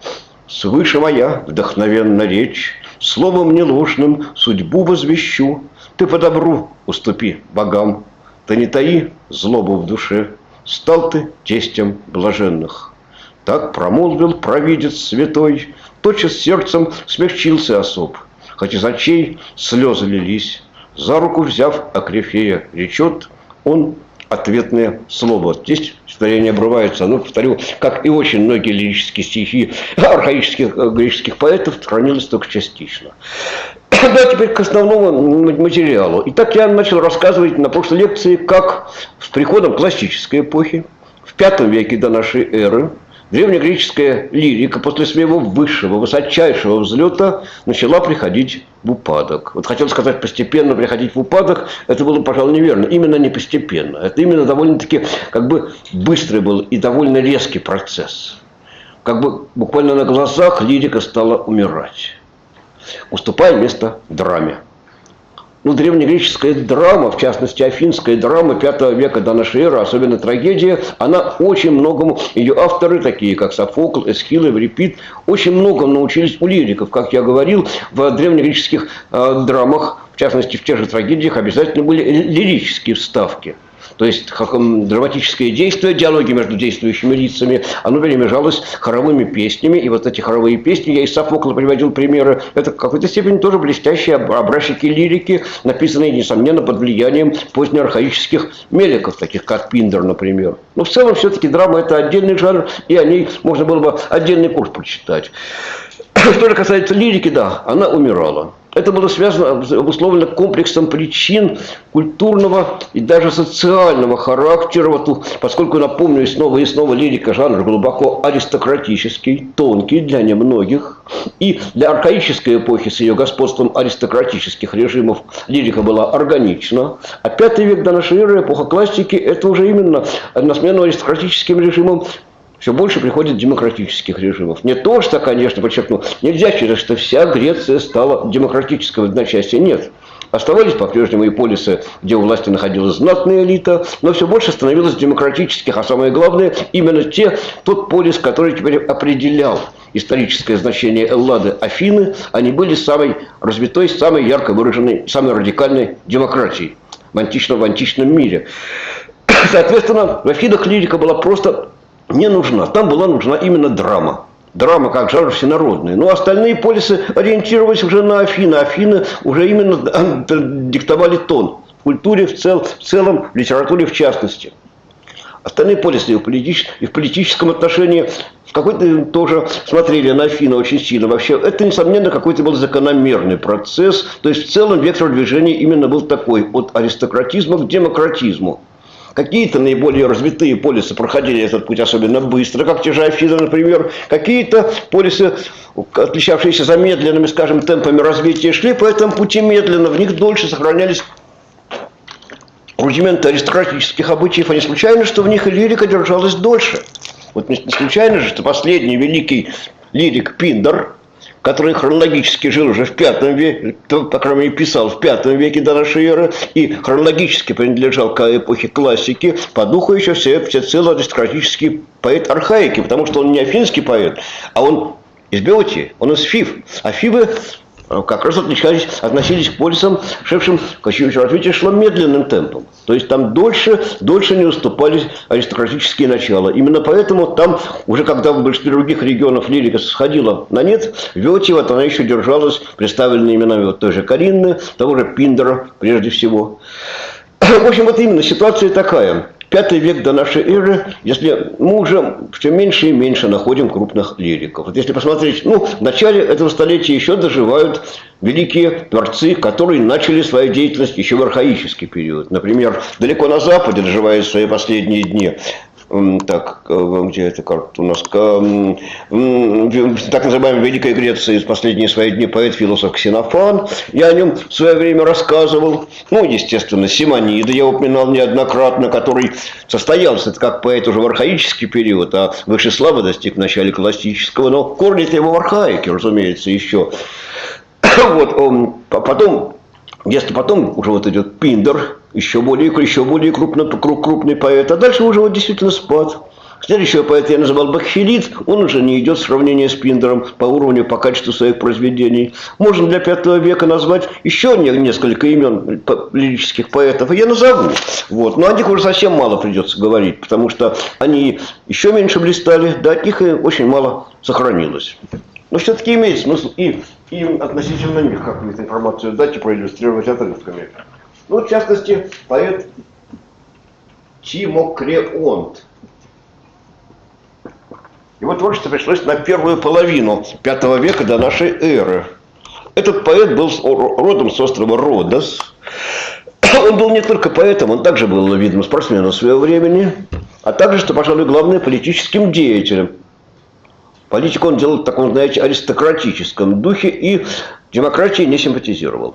Свыше моя вдохновенна речь, словом неложным судьбу возвещу. Ты по добру уступи богам, ты не таи злобу в душе, стал ты тестем блаженных». Так промолвил провидец святой, тотчас сердцем смягчился Асоп, хоть из очей слезы лились. За руку взяв Акрефея, речет он ответное слово. Здесь стихотворение обрывается. Повторю, как и очень многие лирические стихи архаических греческих поэтов, хранилось только частично. Да, теперь к основному материалу. Итак, я начал рассказывать на прошлой лекции, как с приходом классической эпохи, в V веке до нашей эры, древнегреческая лирика после своего высшего, высочайшего взлета начала приходить в упадок. Вот хотел сказать постепенно приходить в упадок, это было, пожалуй, неверно. Именно не постепенно. Это именно довольно-таки быстрый был и довольно резкий процесс. Буквально на глазах лирика стала умирать, уступая место драме. Древнегреческая драма, в частности афинская драма V века до нашей эры, особенно трагедия, она очень многому, ее авторы, такие как Софокл, Эсхил, Эврипид, очень многому научились у лириков. Как я говорил, в древнегреческих драмах, в частности в тех же трагедиях, обязательно были лирические вставки. То есть драматическое действие, диалоги между действующими лицами, оно перемежалось хоровыми песнями. И вот эти хоровые песни, я из Софокла приводил примеры, это в какой-то степени тоже блестящие образчики лирики, написанные, несомненно, под влиянием позднеархаических меликов, таких как Пиндер, например. Но в целом все-таки драма – это отдельный жанр, и о ней можно было бы отдельный курс прочитать. Что же касается лирики, да, она умирала. Это было связано, обусловлено комплексом причин культурного и даже социального характера, поскольку, напомню, и снова лирика жанр глубоко аристократический, тонкий для немногих. И для архаической эпохи с ее господством аристократических режимов лирика была органична. А V век до нашей эры, эпоха классики, это уже именно на смену аристократическим режимам все больше приходит демократических режимов. Не то, что, конечно, подчеркну, нельзя считать, что вся Греция стала демократической в одночасье. Нет. Оставались по-прежнему и полисы, где у власти находилась знатная элита, но все больше становилось демократических, а самое главное, именно тот полис, который теперь определял историческое значение Эллады, Афины, они были самой развитой, самой ярко выраженной, самой радикальной демократией в античном мире. Соответственно, в Афинах лирика была просто не нужна. Там была нужна именно драма. Драма как жанр всенародный. Но остальные полисы ориентировались уже на Афины. Афины уже именно диктовали тон. В культуре в целом, в литературе в частности. Остальные полисы и в политическом отношении в какой-то тоже смотрели на Афины очень сильно. Вообще, это, несомненно, какой-то был закономерный процесс. То есть, в целом, вектор движения именно был такой. От аристократизма к демократизму. Какие-то наиболее развитые полисы проходили этот путь особенно быстро, как те же Афины, например. Какие-то полисы, отличавшиеся замедленными, скажем, темпами развития, шли по этому пути медленно. В них дольше сохранялись рудименты аристократических обычаев. А не случайно, что в них и лирика держалась дольше. Вот не случайно же, что последний великий лирик Пиндер, который хронологически жил уже в V веке, по крайней мере, писал в V веке до нашей эры, и хронологически принадлежал к эпохе классики, по духу еще всецело аристократический поэт архаики, потому что он не афинский поэт, а он из Беотии, он из Фив. А Фивы как раз относились к полисам, шедшим, развитие шло медленным темпом. То есть там дольше не уступали аристократические начала. Именно поэтому там, уже когда в большинстве других регионов лирика сходила на нет, в Беотии вот она еще держалась, представленная именами вот той же Каринны, того же Пиндера прежде всего. В общем, вот именно ситуация такая. V век до нашей эры, если мы уже все меньше и меньше находим крупных лириков. Вот если посмотреть, в начале этого столетия еще доживают великие творцы, которые начали свою деятельность еще в архаический период. Например, далеко на Западе доживают свои последние дни. Так, где эта карта у нас? Так называемая Великая Греция из последние свои дни поэт-философ Ксенофан. Я о нем в свое время рассказывал. Естественно, Симонида я упоминал неоднократно, который состоялся это как поэт уже в архаический период, а высшей славы достиг в начале классического. Но корни-то его в архаике, разумеется, еще. Вот, если потом уже вот идет Пиндер, еще более крупный поэт, а дальше уже вот действительно спад. Следующего поэта я называл Бакхилид, он уже не идет в сравнение с Пиндером по уровню, по качеству своих произведений. Можно для V века назвать еще несколько имен лирических поэтов, и я назову. Вот. Но о них уже совсем мало придется говорить, потому что они еще меньше блистали, да от них и очень мало сохранилось. Но все-таки имеет смысл и относительно них какую-то информацию дать и проиллюстрировать отрывками. В частности, поэт Тимокреонт. Его творчество пришлось на первую половину V века до нашей эры. Этот поэт был родом с острова Родос. Он был не только поэтом, он также был, видимо, спортсменом своего времени, а также, что, пожалуй, главное, политическим деятелем. Политику он делал в таком, знаете, аристократическом духе и демократии не симпатизировал.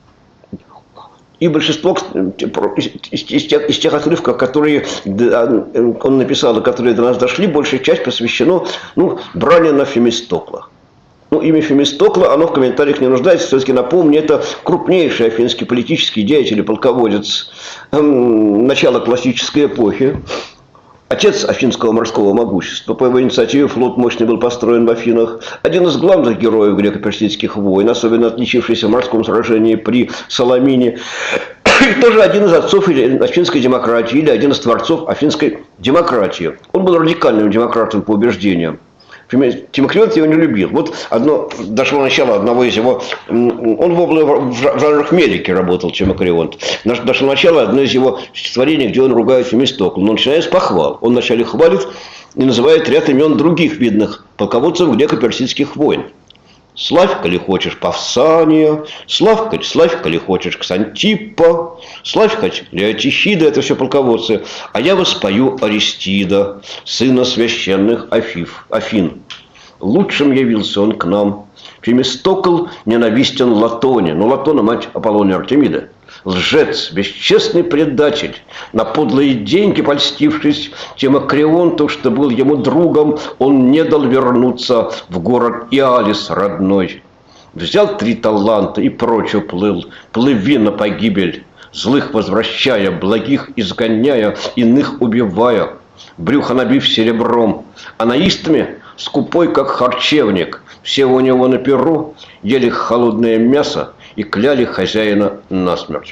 И большинство из тех отрывков, которые он написал и которые до нас дошли, большая часть посвящена брани на Фемистокла. Имя Фемистокла, оно в комментариях не нуждается. Все-таки напомню, это крупнейший афинский политический деятель и полководец начала классической эпохи. Отец афинского морского могущества. По его инициативе флот мощный был построен в Афинах. Один из главных героев греко-персидских войн, особенно отличившийся в морском сражении при Саламине. И тоже один из отцов афинской демократии, или один из творцов афинской демократии. Он был радикальным демократом по убеждениям. Тимокрион его не любил. Вот дошло начало одного из его... Он в жанрах Мелики работал, Тимокрион. Дошло начало одно из его стихотворений, где он ругает Фемистокла. Но начинает с похвал. Он вначале хвалит и называет ряд имен других видных полководцев греко-персидских войн. Славь, коли хочешь, Павсания, славь, коли хочешь, Ксантиппа, славь, хоть Леотихида, это все полководцы, а я воспою Аристида, сына священных Афин. Лучшим явился он к нам. Фемистокл ненавистен Латоне, но Латона мать Аполлония Артемида. Лжец, бесчестный предатель, на подлые деньги польстившись Тимокреонту, что был ему другом, он не дал вернуться в город Иалис родной. Взял 3 таланта и прочь уплыл, плыви на погибель, злых возвращая, благих изгоняя, иных убивая, брюхо набив серебром, а наистами скупой, как харчевник, все у него на перу ели холодное мясо и кляли хозяина насмерть.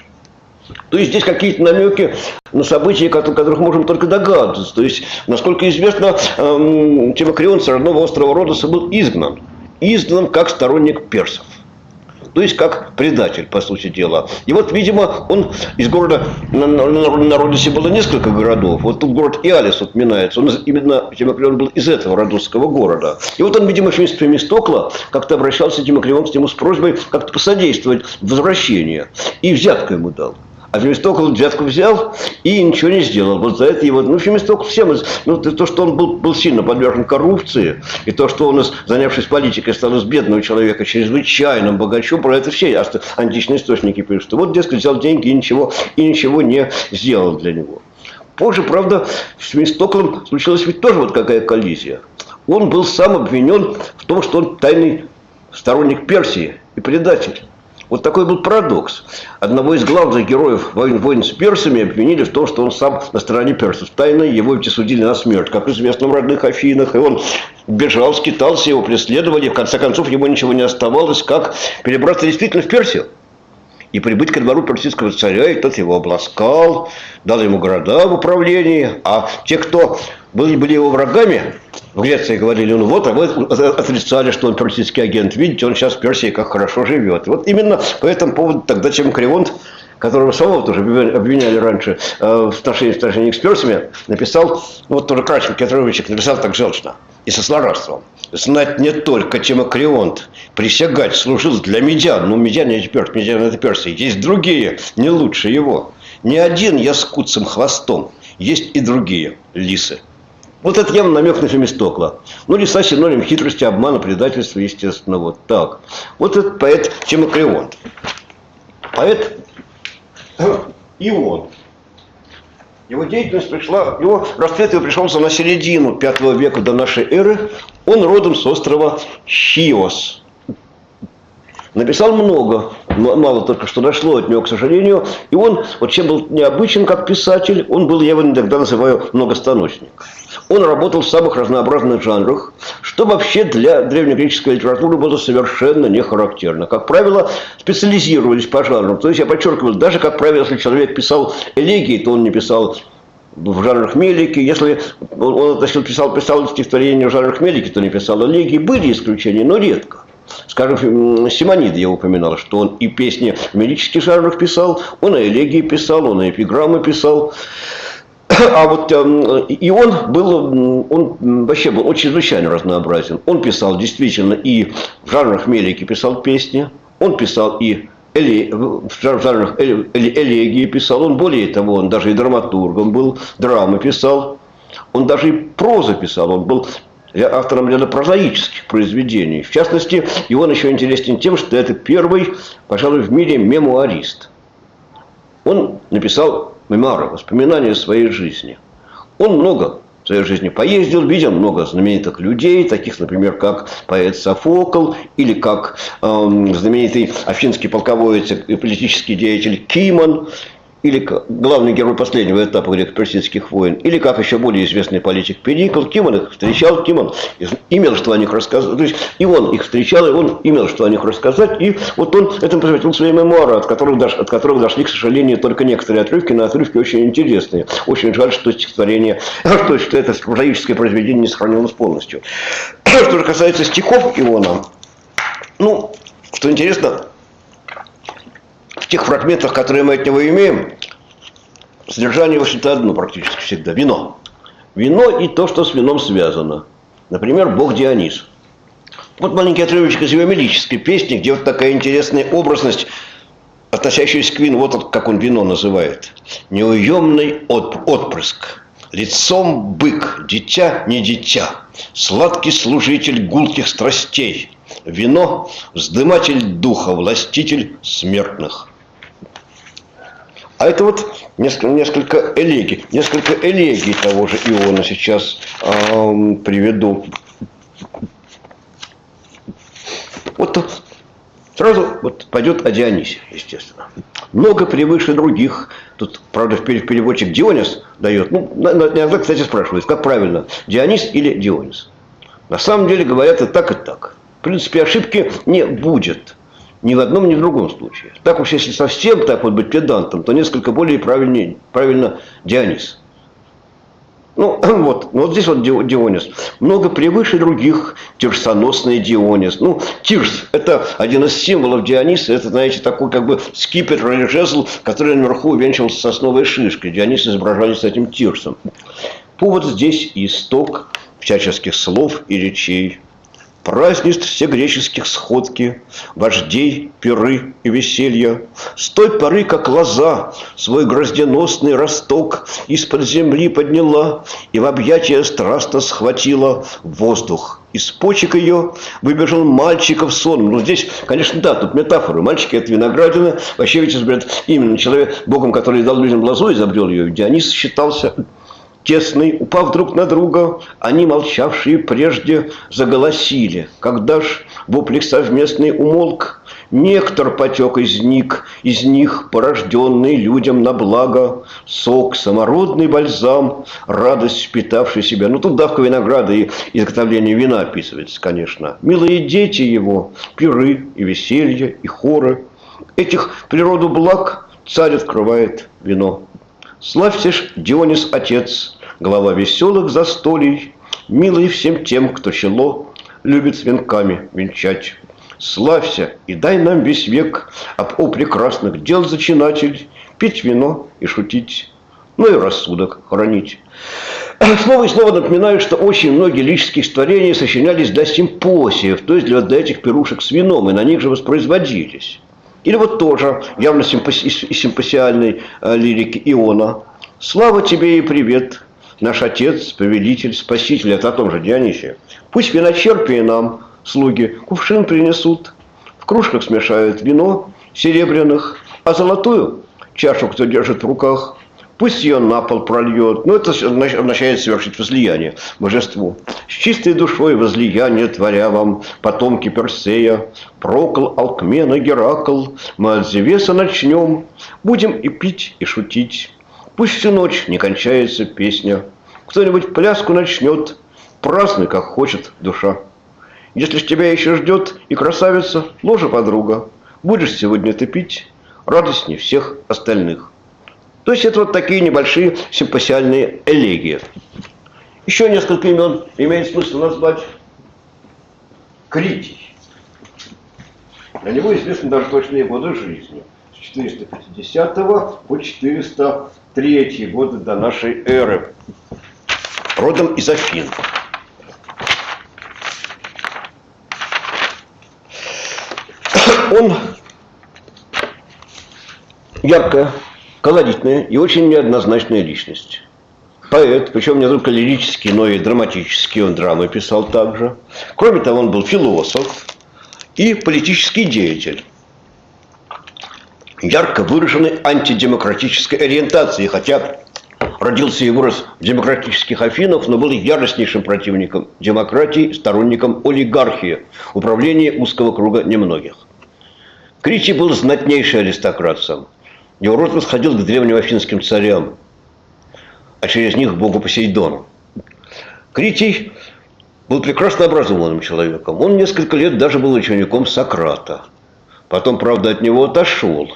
То есть здесь какие-то намеки на события, которых можем только догадываться. То есть, насколько известно, Тимокрион с родного острова Родоса был изгнан. Изгнан как сторонник персов. То есть, как предатель, по сути дела. И вот, видимо, он из города, на Родосе было несколько городов. Вот тут город Иалис упоминается. Именно Тимокрион был из этого родосского города. И вот он, видимо, вместе с Фемистокла как-то обращался Тимокрион к нему с просьбой как-то посодействовать возвращению. И взятку ему дал. А Фемистокл взятку взял и ничего не сделал. Вот за это его... Фемистокл всем... то, что он был сильно подвержен коррупции, и то, что он, занявшись политикой, стал из бедного человека чрезвычайным богачом, про это все античные источники пишут. Вот, дескать, взял деньги и ничего не сделал для него. Позже, правда, с Фемистоклом случилась ведь тоже вот какая коллизия. Он был сам обвинен в том, что он тайный сторонник Персии и предатель. Вот такой был парадокс. Одного из главных героев войн с персами обвинили в том, что он сам на стороне персов. Тайно его ведь осудили на смерть, как известно в родных Афинах. И он бежал, скитался, его преследовали. В конце концов, ему ничего не оставалось, как перебраться действительно в Персию. И прибыть ко двору персидского царя, и тот его обласкал, дал ему города в управлении. А те, кто были его врагами, в Греции говорили, вот, а вы отрицали, что он персидский агент. Видите, он сейчас в Персии как хорошо живет. И вот именно по этому поводу тогда Тимокрион, которого самого тоже обвиняли раньше в сношении с персами, написал, вот тоже Крачев Петровичек написал так желчно и со злорадством. Знать не только Тимокрион, присягать служил для медян. Ну, медяне это персы. Есть другие, не лучше его. Не один я с куцым хвостом. Есть и другие лисы. Вот это явно намек на Фемистокла. Ну, лиса синоним хитрости, обмана, предательства, естественно. Вот так. Вот этот поэт Тимокрион. Поэт Ион. Его деятельность его расцвет его пришелся на середину V века до нашей эры. Он родом с острова Хиос. Написал много, мало только что дошло от него, к сожалению. И он, вот чем был необычен как писатель, он был, я его иногда называю, многостаночник. Он работал в самых разнообразных жанрах, что вообще для древнегреческой литературы было совершенно не характерно. Как правило, специализировались по жанрам. То есть, я подчеркиваю, даже, как правило, если человек писал элегии, то он не писал в жанрах Мелики. Если он писал стихотворения в жанрах Мелики, то не писал элегии. Были исключения, но редко. Скажем, Симонид я упоминал, что он и песни в мелических жанрах писал, он и элегии писал, он и эпиграммы писал. А вот и он вообще был очень чрезвычайно разнообразен. Он писал действительно и в жанрах Мелики писал песни, он писал и в жанрах элегии писал, он более того, он даже и драматургом был, драмы писал, он даже и прозу писал, он был автором ряда прозаических произведений. В частности, и он еще интересен тем, что это первый, пожалуй, в мире мемуарист. Он написал мемуары, воспоминания о своей жизни. Он много в своей жизни поездил, видел много знаменитых людей, таких, например, как поэт Софокл, или как знаменитый афинский полководец и политический деятель Кимон. или главный герой последнего этапа греко-персидских войн, или как еще более известный политик Перикл, кем он их встречал, кем он имел что о них рассказать. То есть и он их встречал, и он имел что о них рассказать. И вот он этому посвятил свои мемуары, от которых дошли, к сожалению, только некоторые отрывки, но отрывки очень интересные. Очень жаль, что стихотворение, что это прозаическое произведение не сохранилось полностью. Что же касается стихов Иона, ну, что интересно, в тех фрагментах, которые мы от него имеем, содержание, в общем-то, одно практически всегда – вино. Вино и то, что с вином связано. Например, бог Дионис. Вот маленький отрывочек из его мелической песни, где вот такая интересная образность, относящаяся к вину, вот как он вино называет. «Неуемный отпрыск, лицом бык, дитя не дитя, сладкий служитель гулких страстей, вино – вздыматель духа, властитель смертных». А это вот несколько элегий того же Иона сейчас приведу. Вот сразу вот пойдет о Дионисе, естественно. Много превыше других. Тут, правда, переводчик Дионис дает. Ну, иногда, кстати, спрашивают, как правильно, Дионис или Дионис. На самом деле говорят и так, и так. В принципе, ошибки не будет. Ни в одном, ни в другом случае. Так уж, если совсем так вот быть педантом, то несколько более правильно Дионис. Ну вот здесь вот Дионис. Много превыше других, тирсоносный Дионис. Ну, тирс – это один из символов Диониса. Это, знаете, такой как бы скипетр или жезл, который наверху увенчивался сосновой шишкой. Дионис изображали с этим тирсом. Повод здесь исток всяческих слов и речей. Празднеств все греческих сходки, вождей, пиры и веселья. С той поры, как лоза свой грозденосный росток из-под земли подняла и в объятия страстно схватила воздух. Из почек ее выбежал мальчиков сон. Ну, здесь, конечно, да, тут метафоры. Мальчики – это виноградина. Вообще, ведь, именно человек, богом, который дал людям лозу, изобрел ее. Дионис считался тесный, упав друг на друга, они, молчавшие прежде, заголосили. Когда ж воплик совместный умолк, нектар потек из них, порожденный людям на благо, сок, самородный бальзам, радость впитавший себя. Ну, тут давка винограда и изготовление вина описывается, конечно. Милые дети его, пиры и веселье, и хоры. Этих природу благ царь открывает вино. Славься ж, Дионис, отец, глава веселых застолий, милый всем тем, кто чело любит с венками венчать. Славься и дай нам весь век о прекрасных дел зачинатель, пить вино и шутить, ну и рассудок хранить. Снова и снова напоминаю, что очень многие лирические стихотворения сочинялись для симпосиев, то есть для этих пирушек с вином, и на них же воспроизводились. Или вот тоже явно из симпосиальной лирики Иона. «Слава тебе и привет, наш Отец, Повелитель, Спаситель». Это о том же Дионисе. «Пусть виночерпии нам, слуги, кувшин принесут, в кружках смешают вино серебряных, а золотую чашу, кто держит в руках, пусть ее на пол прольет». Ну, это означает совершить возлияние божеству. «С чистой душой возлияние творя вам, потомки Персея, Прокл, Алкмена, Геракл, мы от Зевеса начнем, будем и пить, и шутить. Пусть всю ночь не кончается песня, кто-нибудь пляску начнет, празднуй, как хочет душа. Если ж тебя еще ждет и красавица, ложа подруга, будешь сегодня ты пить радостней всех остальных». То есть это вот такие небольшие симпосиальные элегии. Еще несколько имен имеет смысл назвать. Критий. Для него известны даже точные годы жизни. С 450 по 403 годы до нашей эры. Родом из Афин. Он яркая, колоритная и очень неоднозначная личность. Поэт, причем не только лирический, но и драматический, он драмы писал также. Кроме того, он был философ и политический деятель. Ярко выраженной антидемократической ориентации, хотя родился и вырос в демократических Афинах, но был яростнейшим противником демократии, сторонником олигархии, управления узкого круга немногих. Критий был знатнейший аристократ сам. Его род восходил к древним афинским царям, а через них к богу Посейдону. Критий был прекрасно образованным человеком. Он несколько лет даже был учеником Сократа. Потом, правда, от него отошел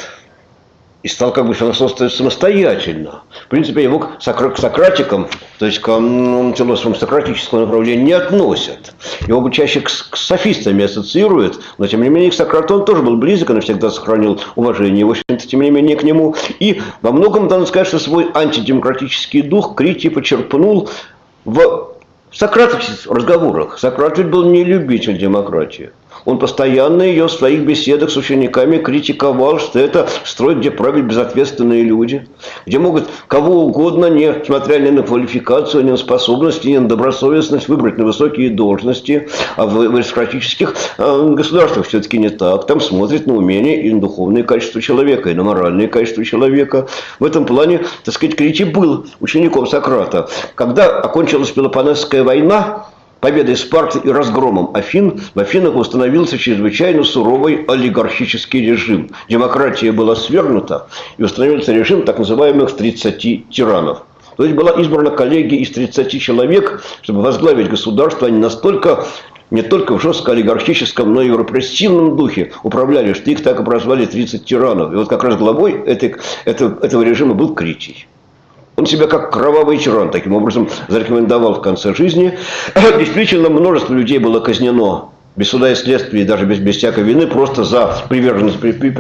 и стал как бы философствовать самостоятельно. В принципе, его к сократикам, то есть к философам сократического направления не относят. Его бы чаще к софистами ассоциируют, но тем не менее к Сократу он тоже был близок, он всегда сохранил уважение, в общем-то, тем не менее, к нему. И во многом, надо сказать, что свой антидемократический дух Критий почерпнул в сократических разговорах. Сократ ведь был не любитель демократии. Он постоянно ее в своих беседах с учениками критиковал, что это строй, где правят безответственные люди, где могут кого угодно, несмотря ни на квалификацию, ни на способности, ни на добросовестность, выбрать на высокие должности. А в аристократических государствах все-таки не так. Там смотрят на умение и на духовные качества человека, и на моральные качества человека. В этом плане, так сказать, Критий был учеником Сократа. Когда окончилась Пелопоннесская война, победой Спарты и разгромом Афин, в Афинах установился чрезвычайно суровый олигархический режим. Демократия была свергнута, и установился режим так называемых 30 тиранов. То есть была избрана коллегия из 30 человек, чтобы возглавить государство. Они настолько, не только в жестко олигархическом, но и в репрессивном духе управляли, что их так и прозвали 30 тиранов. И вот как раз главой этого режима был Критий. Он себя как кровавый тиран таким образом зарекомендовал в конце жизни. Действительно, множество людей было казнено без суда и следствия, и даже без всякой вины, просто за приверженность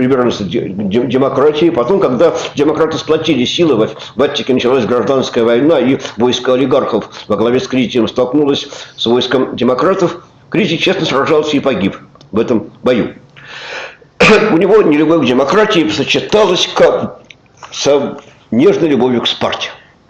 демократии. Потом, когда демократы сплотили силы, в Аттике началась гражданская война, и войско олигархов во главе с Критием столкнулось с войском демократов, Критий честно сражался и погиб в этом бою. У него нелюбовь к демократии сочеталась с нежной любовью к Спарте,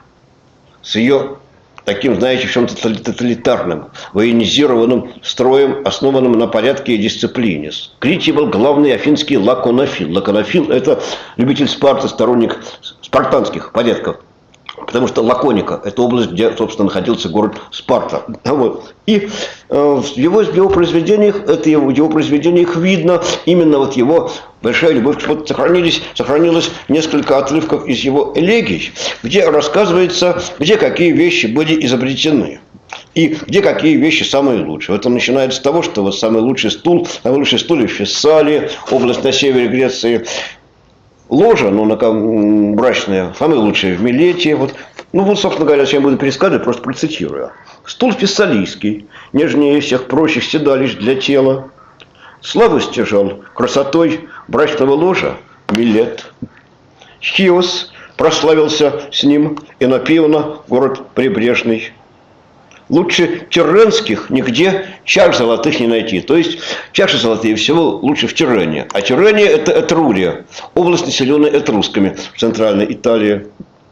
с ее таким, знаете, в чем-то тоталитарным, военизированным строем, основанным на порядке и дисциплине. Критий был главный афинский лаконофил. Лаконофил – это любитель Спарты, сторонник спартанских порядков. Потому что Лаконика – это область, где, собственно, находился город Спарта. Вот. И в его произведениях видно именно вот его большая любовь. Вот сохранилось несколько отрывков из его элегий, где рассказывается, где какие вещи были изобретены. И где какие вещи самые лучшие. Вот он начинает с того, что вот самый лучший стул в Фессалии, область на севере Греции. Ложа, брачная, самые лучшие в Милете. Вот. Собственно говоря, я буду пересказывать, просто процитирую. Стул фессалийский, нежнее всех прочих седалищ для тела. Славу стяжал красотой брачного ложа Милет. Хиос прославился с ним, и Напиона, город прибрежный. Лучше тирренских нигде чаш золотых не найти. То есть чаши золотые всего лучше в Тиррене. А Тиррения – это Этрурия, область, населенная этрусками в центральной Италии.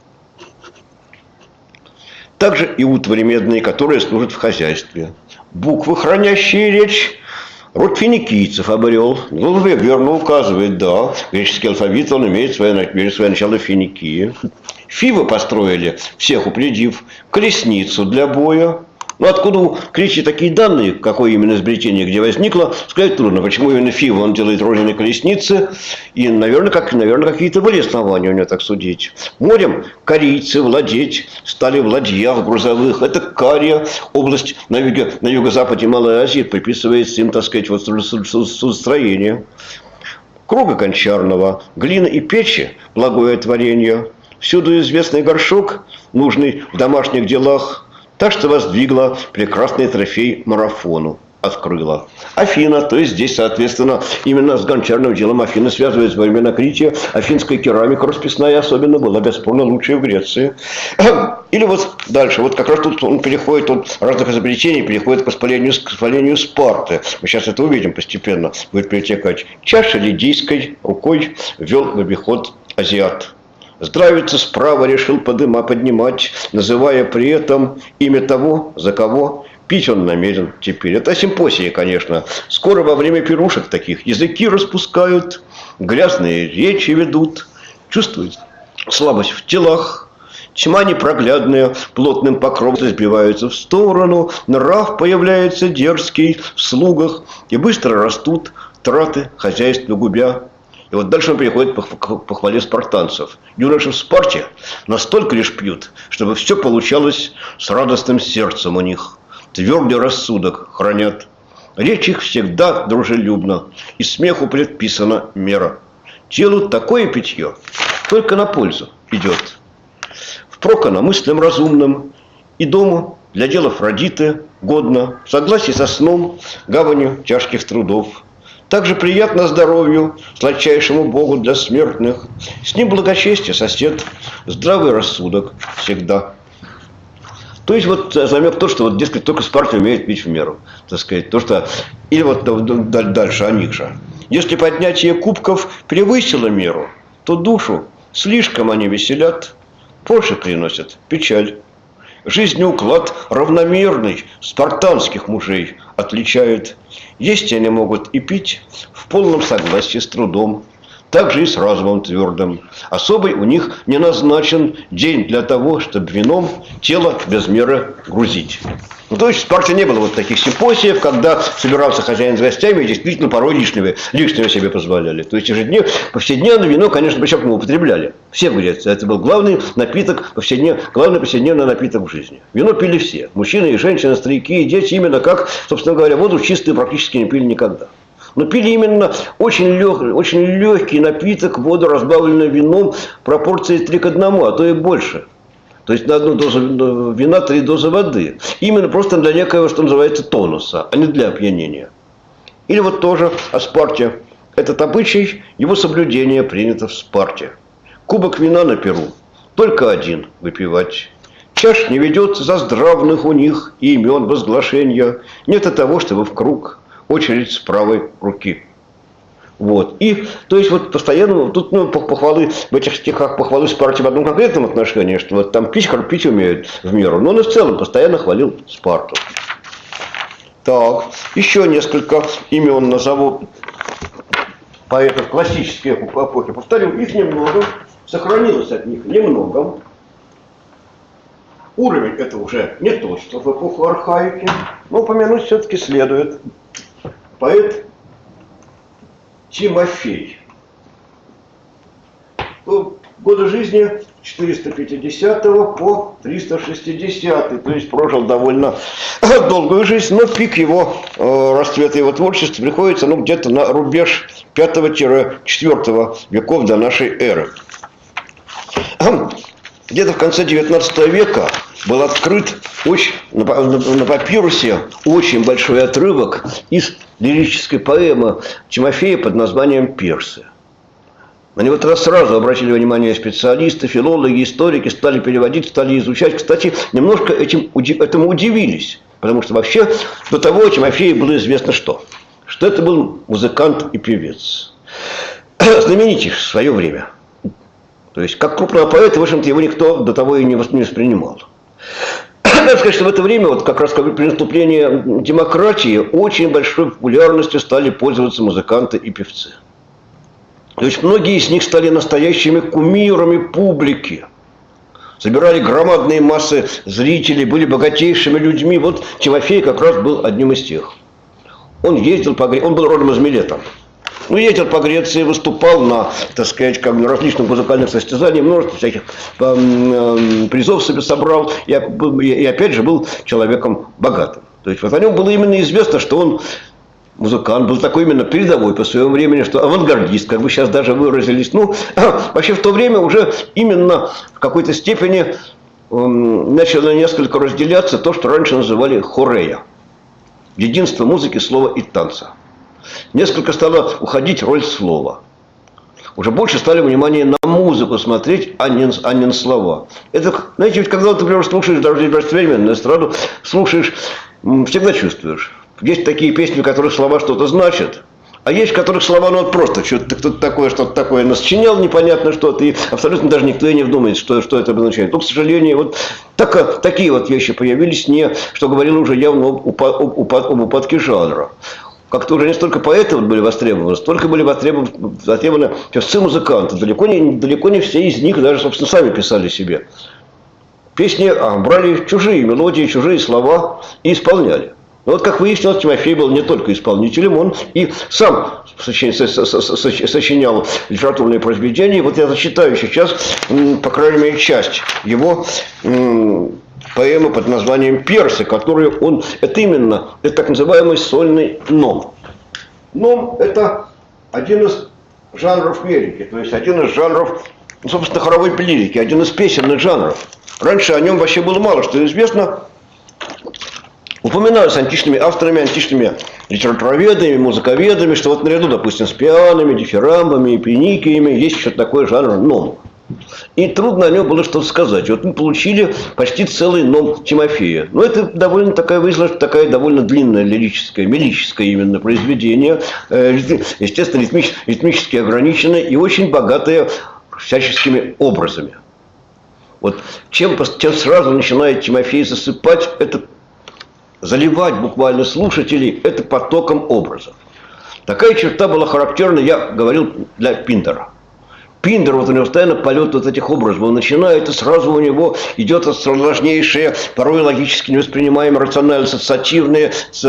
Также и утвари медные, которые служат в хозяйстве. Буквы, хранящие речь, род финикийцев обрел. Верно указывает, да. Греческий алфавит, он имеет свое начало в Финикии. Фивы построили, всех упредив, колесницу для боя. Откуда у Крития такие данные, какое именно изобретение где возникло, сказать трудно. Почему именно Фивы он делает родиной колесницы? И, наверное, какие-то были основания у него так судить. Морем корейцы владеть стали в ладьях грузовых. Это Кария, область на юго-западе Малой Азии, приписывается им, так сказать, судостроение. Круга гончарного, глина и печи, благое творение. Всюду известный горшок, нужный в домашних делах. Так что воздвигла прекрасный трофей марафону, открыла. Афина, то есть здесь, соответственно, именно с гончарным делом Афины связывается во времена Крития. Афинская керамика расписная особенно была, бесспорно, лучшая в Греции. Или вот дальше, вот как раз тут он переходит от разных изобретений, переходит к воспалению Спарты. Мы сейчас это увидим постепенно, будет перетекать. Чаша лидийской рукой вел в обиход азиат. Здравица справа решил поднимать, называя при этом имя того, за кого пить он намерен теперь. Это симпосия, конечно. Скоро во время пирушек таких языки распускают, грязные речи ведут, чувствуют слабость в телах, тьма непроглядная, плотным покровом сбиваются в сторону, нрав появляется дерзкий в слугах, и быстро растут траты хозяйства губя. И вот дальше он переходит к похвале спартанцев. Юноши в Спарте настолько лишь пьют, чтобы все получалось с радостным сердцем у них. Твердый рассудок хранят. Речь их всегда дружелюбна, и смеху предписана мера. Телу такое питье только на пользу идет. Впрок оно мыслям разумным и дому для дел Афродиты годно, в согласии со сном, гаванью тяжких трудов. Также приятно здоровью, сладчайшему Богу для смертных. С ним благочестие сосед, здравый рассудок всегда. То есть вот намек то, что вот, дескать, только Спарта умеет пить в меру. Так сказать, то, что... Или вот дальше о них же. Если поднятие кубков превысило меру, то душу слишком они веселят, позже приносят печаль. Жизненный уклад равномерный спартанских мужей отличает. Есть они могут и пить в полном согласии с трудом, также и с разумом твердым. Особый у них не назначен день для того, чтобы вином тело без меры грузить. Ну, то есть в Спарте не было вот таких симпозиев, когда собирался хозяин с гостями и действительно порой лишнего себе позволяли. То есть повседневное вино, конечно, причем мы употребляли. Все в Греции. Это был главный напиток, главный повседневный напиток в жизни. Вино пили все. Мужчины и женщины, старики и дети. Именно как, собственно говоря, воду чистую практически не пили никогда. Но пили именно очень легкий напиток, воду, разбавленную вином, пропорции 3 к 1, а то и больше. То есть на одну дозу вина 3 дозы воды. Именно просто для некоего, что называется, тонуса, а не для опьянения. Или вот тоже о Спарте. Этот обычай, его соблюдение принято в Спарте. Кубок вина на перу, только один выпивать. Чаш не ведется за здравных у них и имен возглашения. Нет и того, чтобы в круг очередь с правой руки. Вот. И, то есть, вот постоянно, тут похвалы, в этих стихах похвалы Спарте в одном конкретном отношении, что вот там пить умеют в меру, но он и в целом постоянно хвалил Спарту. Так, еще несколько имен назову поэтов классической эпохи. Повторю, их немного, сохранилось от них немного. Уровень это уже не тот, что в эпоху архаики, но упомянуть все-таки следует. Поэт Тимофей. Годы жизни 450 по 360, то есть прожил довольно долгую жизнь, но пик его расцвета его творчества приходится где-то на рубеж 5-4 веков до нашей эры. Где-то в конце 19 века был открыт на папирусе очень большой отрывок из лирической поэмы Тимофея под названием «Персы». На него тогда сразу обратили внимание специалисты, филологи, историки, стали переводить, стали изучать. Кстати, немножко этому удивились, потому что вообще до того Тимофею было известно что это был музыкант и певец, знаменитый в свое время. То есть, как крупного поэта, в общем-то, его никто до того и не воспринимал. Надо сказать, что в это время, вот как раз при наступлении демократии, очень большой популярностью стали пользоваться музыканты и певцы. То есть, многие из них стали настоящими кумирами публики. Собирали громадные массы зрителей, были богатейшими людьми. Вот Тимофей как раз был одним из тех. Он ездил он был родом из Милета. Ездил по Греции, выступал на, так сказать, на различных музыкальных состязаниях, множество всяких призов себе собрал, и опять же был человеком богатым. То есть вот о нем было именно известно, что он музыкант, был такой именно передовой по своему времени, что авангардист, как бы сейчас даже выразились. Вообще в то время уже именно в какой-то степени начало несколько разделяться то, что раньше называли хорея. Единство музыки, слова и танца. Несколько стала уходить роль слова. Уже больше стали внимание на музыку смотреть, а не на слова. Это, знаете, ведь когда ты, например, слушаешь даже современную эстраду, слушаешь, всегда чувствуешь. Есть такие песни, в которых слова что-то значат, а есть в которых слова, просто что-то такое насочинял непонятно что-то, и абсолютно даже никто и не вдумает, что это обозначает. Но, к сожалению, вот такие вот вещи появились, что говорило уже явно об упадке жанра. Как-то уже не столько поэты были востребованы, столько были востребованы певцы-музыканты. Далеко не все из них даже, собственно, сами писали себе. Песни брали чужие мелодии, чужие слова и исполняли. Но вот, как выяснилось, Тимофей был не только исполнителем, он и сам сочинял литературные произведения. Вот я зачитаю сейчас, по крайней мере, часть его поэмы под названием «Персы», которую он... Это так называемый сольный ном. Ном – это один из жанров лирики, то есть один из жанров, собственно, хоровой лирики, один из песенных жанров. Раньше о нем вообще было мало что известно. Упоминаю с античными авторами, античными литературоведами, музыковедами, что вот наряду, допустим, с пианами, дифирамбами, пеникиями есть еще такой жанр ном. И трудно о нем было что-то сказать. Вот мы получили почти целый ном Тимофея. Но это довольно такая довольно длинное лирическое, мелическое именно произведение, естественно, ритмически ограниченное и очень богатое всяческими образами. Вот чем сразу начинает Тимофей засыпать, это заливать буквально слушателей, это потоком образов. Такая черта была характерна, я говорил, для Пиндара. Пиндер, вот у него постоянно полет вот этих образов. Он начинает, и сразу у него идет сложнейшие, порой логически невоспринимаемые, рационально-ассоциативные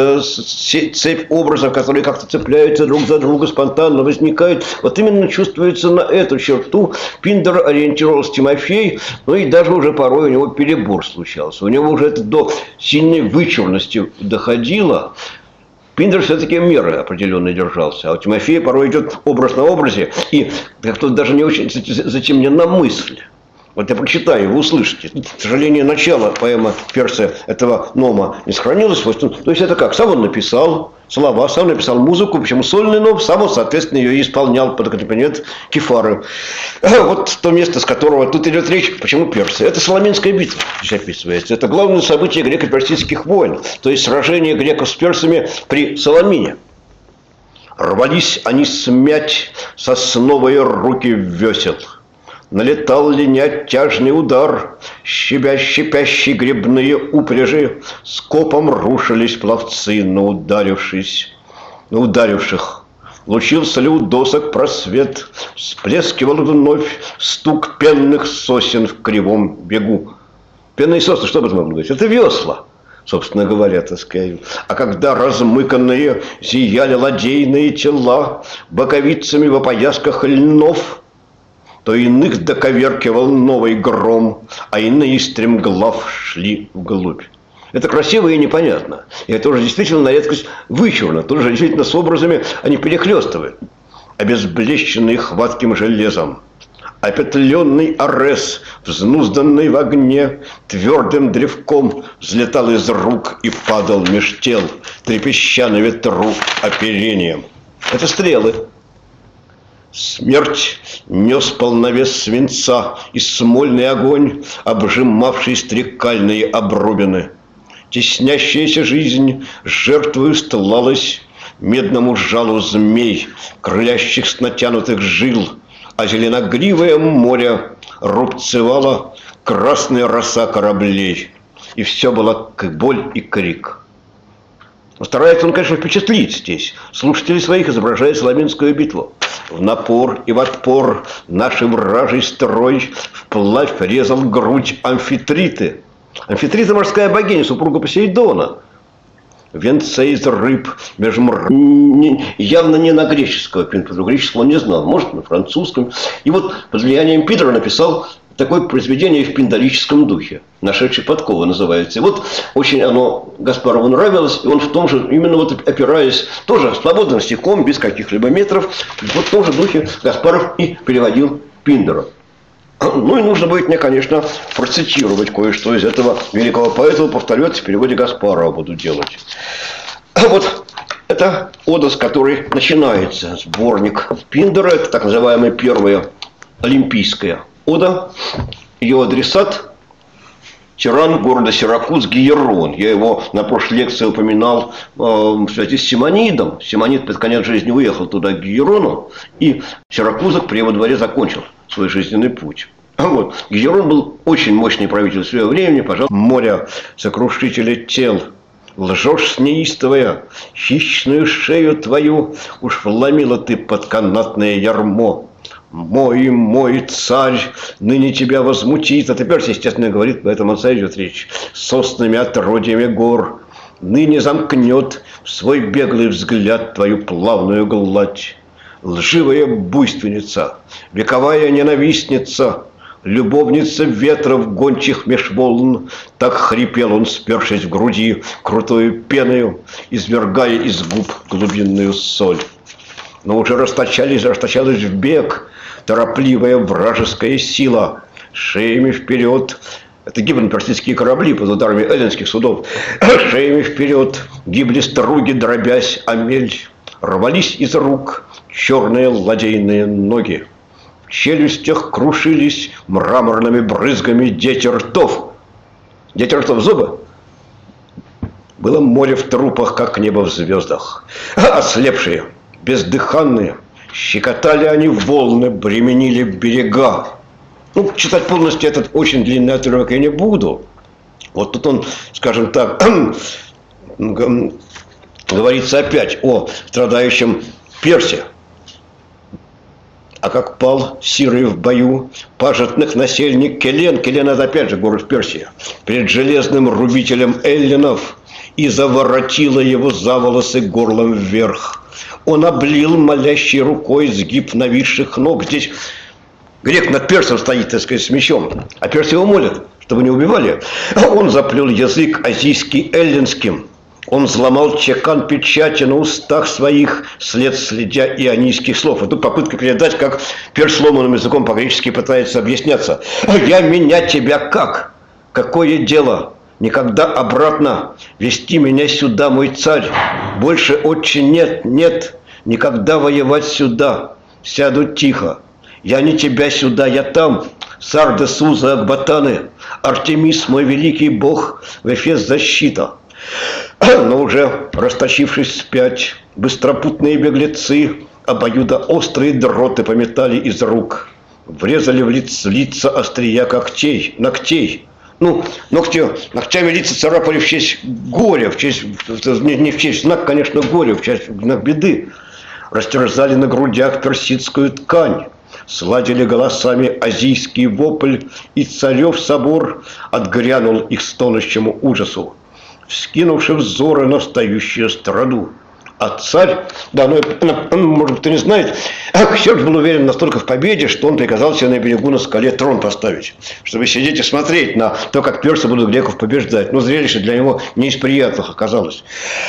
цепь образов, которые как-то цепляются друг за друга, спонтанно возникают. Вот именно чувствуется на эту черту Пиндер ориентировался Тимофей, ну и даже уже порой у него перебор случался. У него уже это до сильной вычурности доходило. Пиндер все-таки меры определенно держался, а у Тимофея порой идет образ на образе, и как-то даже не очень затемнена мысль. Вот я прочитаю, вы услышите. К сожалению, начало поэмы Персы этого нома не сохранилось. То есть это как? Сам он написал слова, сам написал музыку, почему сольный ном, сам он, соответственно, ее исполнял под аккомпанемент кефары. Вот то место, с которого тут идет речь. Почему Персы? Это Саламинская битва, здесь описывается. Это главное событие греко-персидских войн, то есть сражение греков с персами при Саламине. Рвались они смять сосновые руки весел. Налетал линять тяжный удар, щипящий гребные упряжи, скопом рушились пловцы на ударивших. Лучился ли у досок просвет, всплескивал вновь стук пенных сосен в кривом бегу. Пенные сосны, что об этом говорить? Это весла, собственно говоря, так сказать. А когда размыканные зияли ладейные тела боковицами в опоясках льнов, то иных доковеркивал новый гром, а иные стремглав шли вглубь. Это красиво и непонятно. И это уже действительно на редкость вычурно. Тут же действительно с образами они перехлестывают. Обезблещенный хватким железом, опетленный Арес, взнузданный в огне, твердым древком взлетал из рук и падал меж тел, трепеща на ветру оперением. Это стрелы. Смерть нес полновес свинца и смольный огонь, обжимавший стрекальные обрубины. Теснящаяся жизнь жертвою стлалась медному жалу змей, крылящих с натянутых жил, а зеленогривое море рубцевало красная роса кораблей. И все было боль и крик. Старается он, конечно, впечатлить здесь слушателей своих, изображая Саламинскую битву. В напор и в отпор нашей вражий строй вплавь резал грудь Амфитриты. Амфитрита – морская богиня, супруга Посейдона. Венце из рыб, явно не на греческого Пиндара, греческого он не знал, может, на французском. И вот под влиянием Пиндара написал такое произведение в пиндарическом духе, «Нашедший подковы» называется. И вот очень оно Гаспарову нравилось, и он в том же, именно вот опираясь, тоже свободным стихом, без каких-либо метров, вот в том же духе Гаспаров и переводил Пиндара. Ну и нужно будет мне, конечно, процитировать кое-что из этого великого поэта, повторю, это в переводе Гаспарова буду делать. Вот это ода, с которой начинается сборник Пиндара, это так называемая первая олимпийская ода. Ее адресат – тиран города Сиракуз Гиерон. Я его на прошлой лекции упоминал в связи с Симонидом. Симонид под конец жизни уехал туда, к Гиерону, и Сиракузок при его дворе закончил свой жизненный путь. Вот. Гиерон был очень мощный правитель своего времени, пожалуйста, моря сокрушителя тел. Лжешь неистовая, хищную шею твою уж вломила ты под канатное ярмо. Мой царь ныне тебя возмутит. А теперь, естественно, говорит, поэтому царь идет речь. Соснами отродьями гор. ныне замкнет в свой беглый взгляд твою плавную гладь. Лживая буйственница, вековая ненавистница, любовница ветров гончих меж волн, так хрипел он, спершись в груди крутою пеною, извергая из губ глубинную соль. Но уже расточалась в бег торопливая вражеская сила, шеями вперед. Это гибли персидские корабли под ударами эллинских судов. Шеями вперед гибли струги, дробясь о мель. Рвались из рук черные ладейные ноги. В челюстях крушились мраморными брызгами дети ртов. Дети ртов зубы. Было море в трупах, как небо в звездах. Ослепшие, бездыханные, щекотали они волны, бременили берега. Ну, читать полностью этот очень длинный отрывок я не буду. Вот тут он, скажем так, говорится опять о страдающем Персе. А как пал Сирый в бою пажетных насельник Келен, Келен это опять же город в Персии, перед железным рубителем эллинов, и заворотило его за волосы горлом вверх. Он облил молящей рукой сгиб нависших ног. Здесь грек над персом стоит, так сказать, с мечом, а перс его молит, чтобы не убивали. Он заплел язык азийский эллинским. Он взломал чекан печати на устах своих, следя ионийских слов. Это попытка передать, как перс сломанным языком по-гречески пытается объясняться. «Я менять тебя как? Какое дело? Никогда обратно вести меня сюда, мой царь. Больше, отче, нет, никогда воевать сюда. Сяду тихо. Я не тебя сюда, я там. Сарда, Суза, Акбатаны, Артемис, мой великий бог, в Эфес защита». Но уже расточившись вспять, быстропутные беглецы обоюдоострые дроты пометали из рук, врезали в лица острия ногтей. Ну, ногтями лица царапали в честь горя, не в честь знак, конечно, горя, в честь знак беды. Растерзали на грудях персидскую ткань, сладили голосами азийский вопль, и царев собор отгрянул их стонущему ужасу, вскинувши взоры на встающую страну. А царь, да, может, кто не знает, Ксеркс был уверен настолько в победе, что он приказал себе на берегу на скале трон поставить, чтобы сидеть и смотреть на то, как персы будут греков побеждать. Но зрелище для него не из приятных оказалось.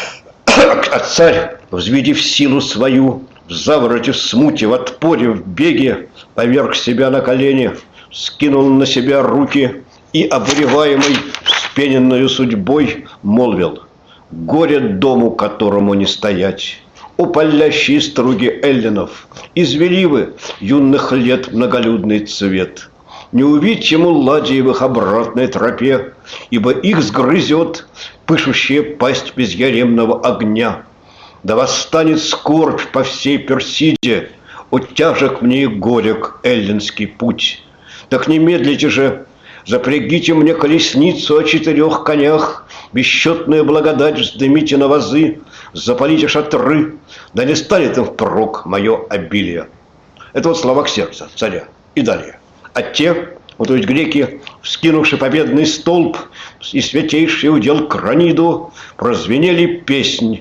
А царь, взведив силу свою, в завороте, в смуте, в отпоре, в беге, поверг себя на колени, скинул на себя руки и, обуреваемый вспененную судьбой, молвил: «Горе дому, которому не стоять! О палящие струги эллинов, извели вы юных лет многолюдный цвет! Не увидь ему ладьи в их обратной тропе, ибо их сгрызет пышущая пасть безяремного огня. Да восстанет скорбь по всей Персиде, о тяжек мне и горек эллинский путь. Так не медлите же, запрягите мне колесницу о 4 конях, бесчетную благодать вздымите на вазы, запалите шатры, да не станет им впрок мое обилие». Это вот слова Ксеркса, царя. И далее. А те, вот то есть греки, вскинувши победный столб и святейший удел Краниду, прозвенели песнь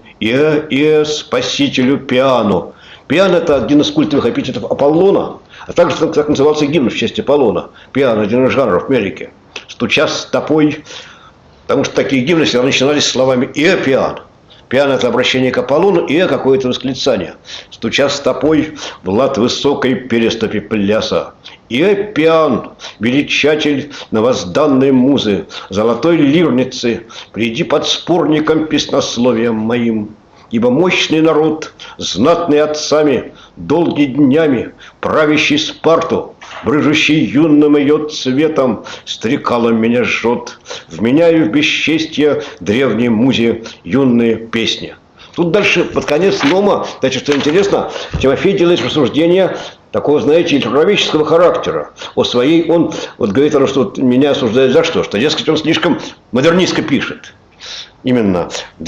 спасителю Пиану. Пиан – это один из культовых эпитетов Аполлона, а также так назывался гимн в честь Аполлона. Пиан – один из жанров в Америке. Стуча стопой, потому что такие гимны всегда начинались словами Пиан. Пиан – это обращение к Аполлону, какое-то восклицание. Стуча стопой в лад высокой переступи пляса. Пиан, величатель новозданной музы, золотой лирницы, приди под спорником песнословием моим. Ибо мощный народ, знатный отцами, долгими днями, правящий Спарту, брыжущий юным ее цветом, стрекалом меня жжет, вменяю в бесчестье древней музе юные песни. Тут дальше, под конец Нома, значит, что интересно, Тимофей делает рассуждение такого, знаете, литературоведческого характера. О своей, он вот говорит, что меня осуждают за что? Что, дескать, он слишком модернистко пишет. Именно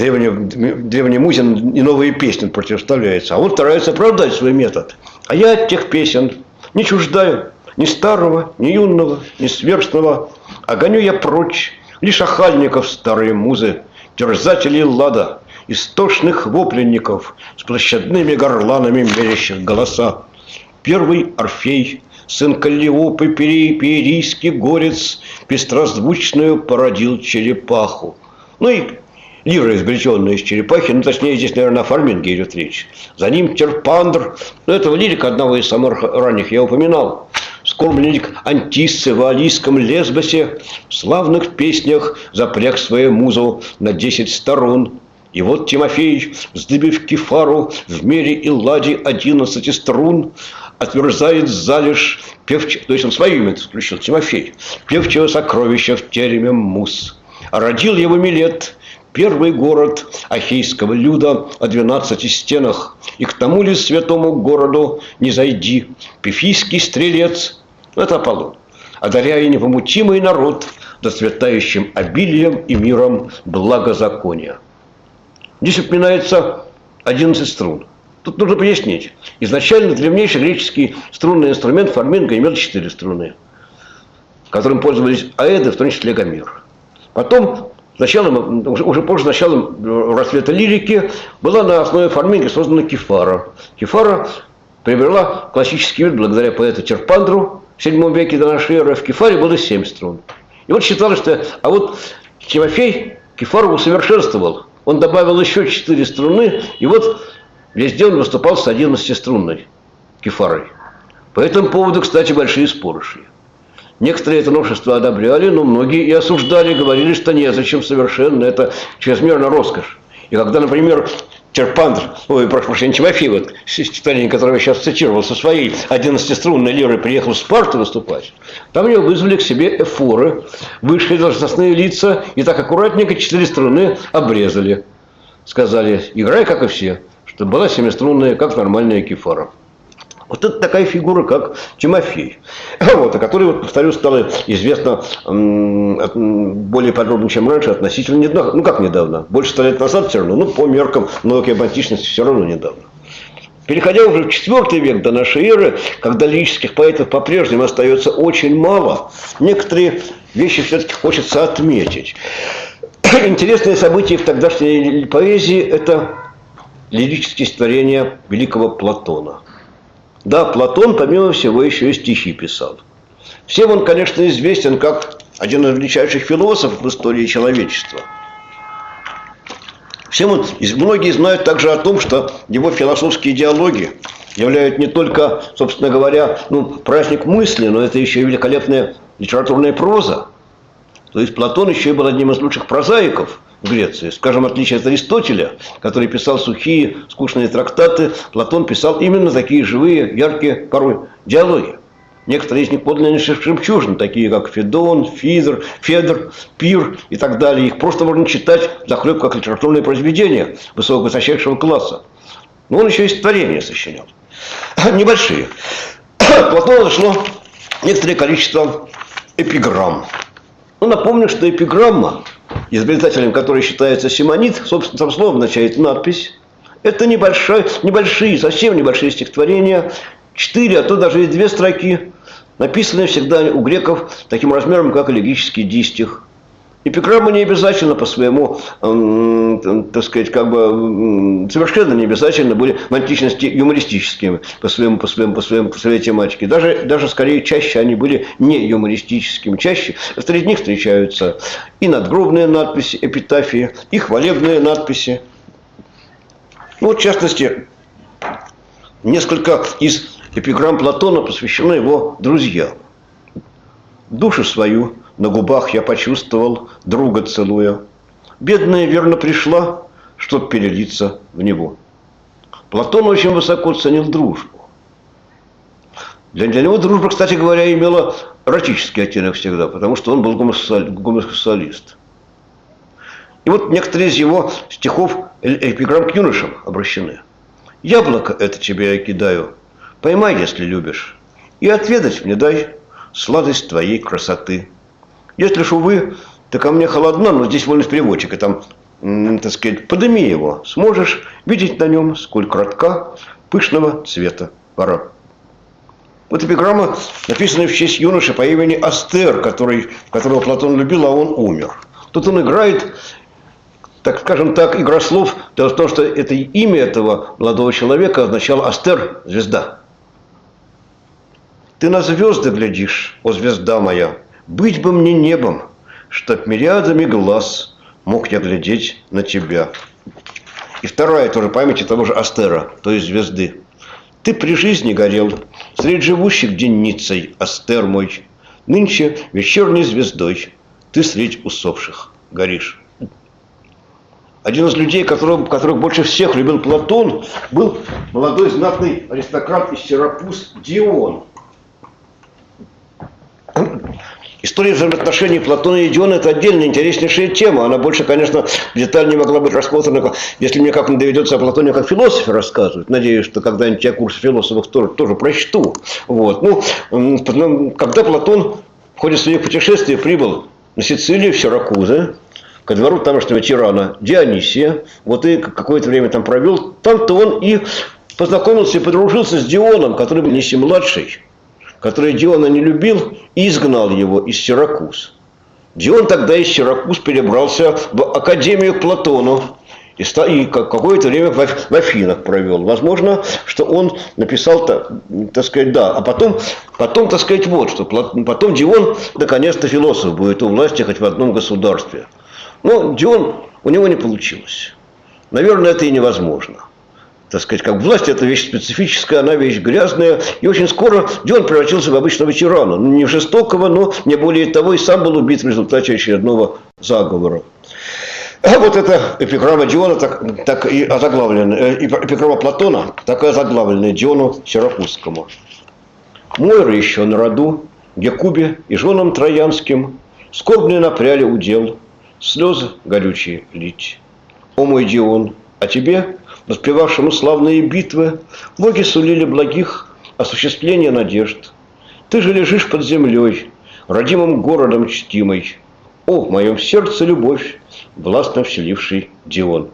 древний музе и новые песни противоставляются. А он старается оправдать свой метод. А я от тех песен не чуждаю ни старого, ни юного, ни сверстного. А гоню я прочь лишь охальников старые музы, терзателей лада, истошных вопленников с площадными горланами мерящих голоса. Первый Орфей, сын Каллиопы, перийский горец, пестрозвучную породил черепаху. Ну и лира, извлеченная из черепахи, ну точнее здесь, наверное, о Фарминге идет речь. За ним Терпандр, ну этого лирика одного из самых ранних я упоминал. Скорбленник Антиссы в Алийском Лесбосе в славных песнях запряг свою музу на 10 сторон. И вот Тимофей, вздыбив кефару в мере и ладе 11 струн, отверзает залежь певчего, то есть он свое имя включил, Тимофей, певчего сокровища в тереме мус. А родил его Милет, первый город ахейского люда о 12 стенах, и к тому ли святому городу не зайди, пифийский стрелец, это Аполлон, одаряя невомутимый народ доцветающим обилием и миром благозакония. Здесь упоминается 11 струн. Тут нужно пояснить. Изначально древнейший греческий струнный инструмент фарминга имел 4 струны, которым пользовались аэды, в том числе Гомер. Потом, уже позже, началом расцвета лирики, была на основе фарминга создана кефара. Кефара приобрела классический вид благодаря поэту Терпандру в VII веке до нашей эры. В кефаре было 7 струн. И вот считалось, что... А вот Тимофей кефару усовершенствовал. Он добавил еще 4 струны, и вот везде он выступал с 11-струнной кефарой. По этому поводу, кстати, большие споры шли. Некоторые это новшество одобряли, но многие и осуждали, говорили, что незачем совершенно, это чрезмерно роскошь. И когда, например, прошу прощения, Тимофей, вот, стихотворение, которое я сейчас цитировал, со своей 11-струнной лирой приехал в Спарту выступать, там его вызвали к себе эфоры, вышли должностные лица, и так аккуратненько 4 струны обрезали. Сказали, играй, как и все, чтобы была 7-струнная, как нормальная кефара. Вот это такая фигура, как Тимофей, вот, о которой, вот, повторю, стало известно более подробно, чем раньше, относительно недавно. Ну, как недавно? Больше 100 лет назад все равно, ну, по меркам науки об античности все равно недавно. Переходя уже в IV век до нашей эры, когда лирических поэтов по-прежнему остается очень мало, некоторые вещи все-таки хочется отметить. Интересное событие в тогдашней поэзии – это лирические стихотворения великого Платона. Да, Платон, помимо всего, еще и стихи писал. Всем он, конечно, известен как один из величайших философов в истории человечества. Многие знают также о том, что его философские диалоги являются не только, собственно говоря, праздник мысли, но это еще и великолепная литературная проза. То есть Платон еще и был одним из лучших прозаиков в Греции. Скажем, в отличие от Аристотеля, который писал сухие, скучные трактаты, Платон писал именно такие живые, яркие, порой диалоги. Некоторые из них подлиннейшие жемчужины, такие как Федон, Федор, Пир и так далее. Их просто можно читать захлеб как литературное произведение высочайшего класса. Но он еще и стихотворения сочинял. Небольшие. Платону нашло некоторое количество эпиграмм. Напомню, что эпиграмма, изобретателем которой считается Симонид, собственно, там слово означает надпись. Это небольшие, совсем небольшие стихотворения, 4, а то даже и 2 строки, написанные всегда у греков таким размером, как элегический дистих. Эпиграммы не обязательно по своему, так сказать, совершенно не обязательно были в античности юмористическими по своей тематике. Даже скорее чаще они были не юмористическими. Чаще среди них встречаются и надгробные надписи, эпитафии, и хвалебные надписи. В частности, несколько из эпиграмм Платона посвящены его друзьям. Душу свою на губах я почувствовал, друга целуя. Бедная верно пришла, чтоб перелиться в него. Платон очень высоко ценил дружбу. Для него дружба, кстати говоря, имела эротический оттенок всегда, потому что он был гомосексуалист. И вот некоторые из его стихов эпиграмм к юношам обращены. «Яблоко это тебе я кидаю, поймай, если любишь, и отведать мне дай сладость твоей красоты. Если ж, увы, ты ко мне холодна, но здесь вольность переводчика, там, так сказать, подыми его, сможешь видеть на нем, сколь кратка, пышного цвета пора». Вот эпиграмма, написанная в честь юноши по имени Астер, которого Платон любил, а он умер. Тут он играет так скажем так, игра слов. Дело в том, что это имя этого молодого человека означало Астер, звезда. Ты на звезды глядишь, о звезда моя, быть бы мне небом, чтоб мириадами глаз мог я глядеть на тебя. И вторая тоже память того же Астера, то есть звезды. Ты при жизни горел, среди живущих денницей, Астер мой, нынче вечерней звездой ты средь усопших горишь. Один из людей, которых больше всех любил Платон, был молодой знатный аристократ из Сиракуз Дион. История взаимоотношений Платона и Диона – это отдельная интереснейшая тема. Она больше, конечно, в деталь не могла быть рассмотрена, если мне как-нибудь доведется о Платоне как философе рассказывать. Надеюсь, что когда-нибудь я курс философов тоже прочту. Вот. Когда Платон в ходе своих путешествий прибыл на Сицилию, в Сиракузы, ко двору тамошнего тирана Дионисия, вот и какое-то время там провел, там-то он и познакомился и подружился с Дионом, который был Дионисий-младший, который Диона не любил и изгнал его из Сиракуз. Дион тогда из Сиракуз перебрался в Академию к Платону и какое-то время в Афинах провел. Возможно, что он написал, так сказать, да. А потом, так сказать, вот что. Потом Дион, наконец-то, философ будет у власти хоть в одном государстве. Но Дион, у него не получилось. Наверное, это и невозможно. Так сказать, как власть – это вещь специфическая, она вещь грязная. И очень скоро Дион превратился в обычного тирана. Не в жестокого, но не более того, и сам был убит в результате очередного заговора. А вот эта эпиграмма Диона так и озаглавлена, эпиграмма Платона, так и озаглавленная Диону Сиракузскому. Мойра еще на роду, Гекубе и женам троянским, скорбные напряли удел, слезы горючие лить. О мой Дион, а тебе, воспевавшему славные битвы, боги сулили благих осуществления надежд. Ты же лежишь под землей, родимым городом чтимой. О, в моем сердце любовь, властно вселивший Дион.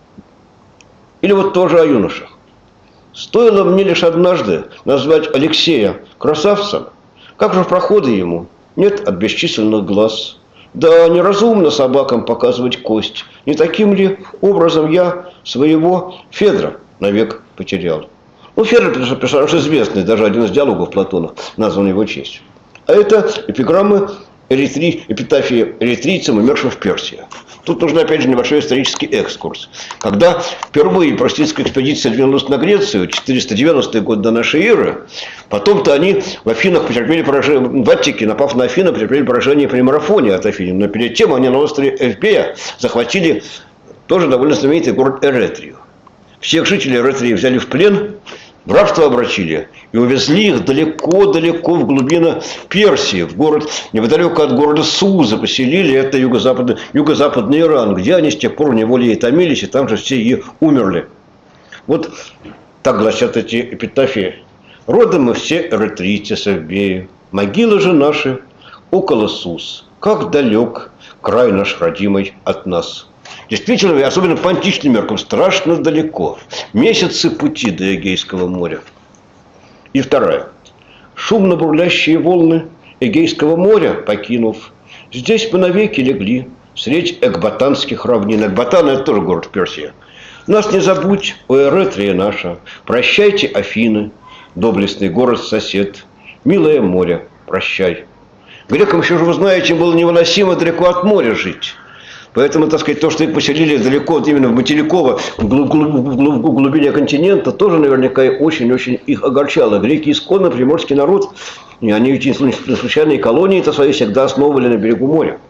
Или вот тоже о юношах. Стоило мне лишь однажды назвать Алексея красавцем, как же проходы ему нет от бесчисленных глаз. Да неразумно собакам показывать кость. Не таким ли образом я своего Федра навек потерял? Ну, Федор персонаж известный, даже один из диалогов Платона назван его честью. А это эпиграммы эпитафии эритрийцам, умершим в Персии. Тут нужен, опять же, небольшой исторический экскурс. Когда впервые просветительская экспедиция двинулась на Грецию, 490 год до нашей эры, потом-то они в Афинах потерпели поражение, в Аттике, напав на Афины, потерпели поражение при марафоне от Афин. Но перед тем они на острове Эвпея захватили тоже довольно знаменитый город Эретрию. Всех жителей Эретрии взяли в плен, в рабство обратили и увезли их далеко-далеко в глубины Персии, в город, неподалеку от города Суза поселили, это юго-западный Иран, где они с тех пор в неволе и томились, и там же все и умерли. Вот так гласят эти эпитафии. Родом мы все эретрийцы с Эвбеи, могилы же наши около Суз, как далек край наш родимый от нас. Действительно, особенно по античным меркам, страшно далеко. Месяцы пути до Эгейского моря. И вторая. Шумно бурлящие волны Эгейского моря покинув, здесь мы навеки легли, средь экбатанских равнин. Экбатан – это тоже город в Персии. Нас не забудь, о Эретрия наша, прощайте, Афины, доблестный город-сосед, милое море, прощай. Грекам еще же, вы знаете, было невыносимо далеко от моря жить. Поэтому, так сказать, то, что их поселили далеко, именно в материково, в глубине континента, тоже наверняка очень-очень их огорчало. Греки исконно приморский народ, и они ведь случайные колонии-то свои всегда основывали на берегу моря.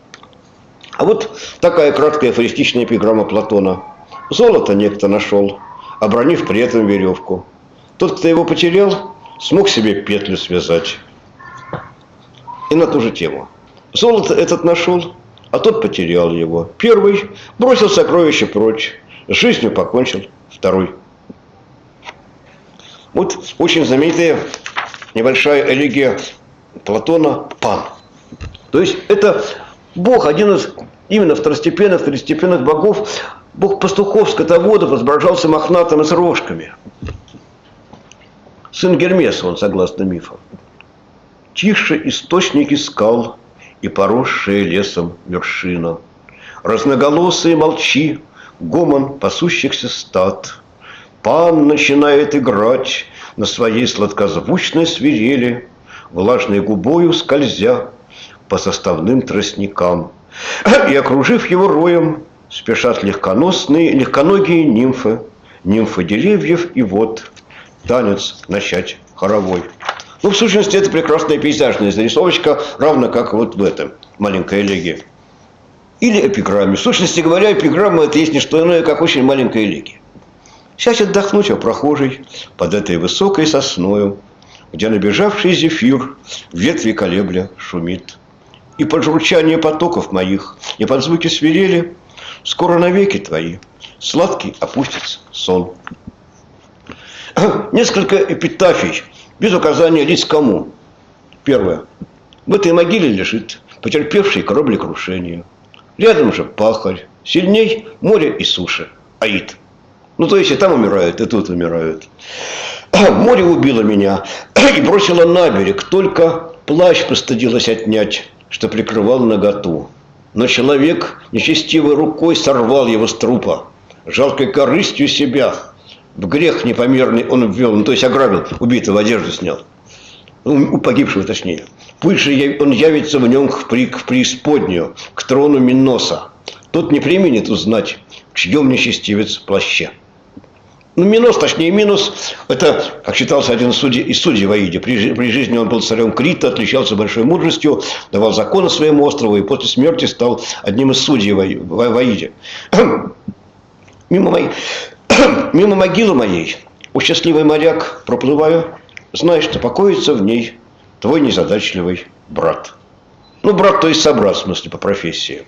А вот такая краткая афористичная эпиграмма Платона. Золото некто нашел, обронив при этом веревку. Тот, кто его потерял, смог себе петлю связать. И на ту же тему. Золото этот нашел, а тот потерял его. Первый бросил сокровище прочь, с жизнью покончил второй. Вот очень знаменитая небольшая элегия Платона Пан. То есть это бог, один из именно второстепенных богов, бог пастухов, скотоводов, изображался мохнатым и с рожками. Сын Гермеса он, согласно мифам. Тише источники скал и поросшая лесом вершина. Разноголосые молчи, гомон пасущихся стад. Пан начинает играть на своей сладкозвучной свирели, влажной губою скользя по составным тростникам. И, окружив его роем, спешат легконогие нимфы, нимфы деревьев и вод, танец начать хоровой. Ну, в сущности, это прекрасная пейзажная зарисовочка, равно как вот в этом маленькой элегии. Или эпиграмме. В сущности говоря, эпиграмма – это есть не что иное, как очень маленькая элегия. Сядь отдохнуть, а прохожий под этой высокой сосною, где набежавший зефир ветви колебля шумит. И под журчание потоков моих, и под звуки свирели, скоро навеки твои сладкий опустится сон. Несколько эпитафий, без указания лиц кому. Первое. В этой могиле лежит потерпевший кораблекрушение. Рядом же пахарь, сильней море и суши. Аид. Ну, то есть и там умирают, и тут умирают. Море убило меня и бросило на берег. Только плащ постыдилось отнять, что прикрывал наготу. Но человек нечестивой рукой сорвал его с трупа. Жалкой корыстью себя в грех непомерный он ввел. Ну, то есть ограбил, убитого, одежду снял. У погибшего, точнее. Пусть же он явится в нем в преисподнюю, к трону Миноса. Тот не применит узнать, в чьем нечестивец плаще. Ну, Минос, точнее Минос, это, как считался один из судей в Аиде. При жизни он был царем Крита, отличался большой мудростью, давал законы своему острову и после смерти стал одним из судей в Аиде. Мимо могилы моей, о счастливый моряк, проплываю, знай, что покоится в ней твой незадачливый брат. Ну, брат, то есть собрат, в смысле, по профессии.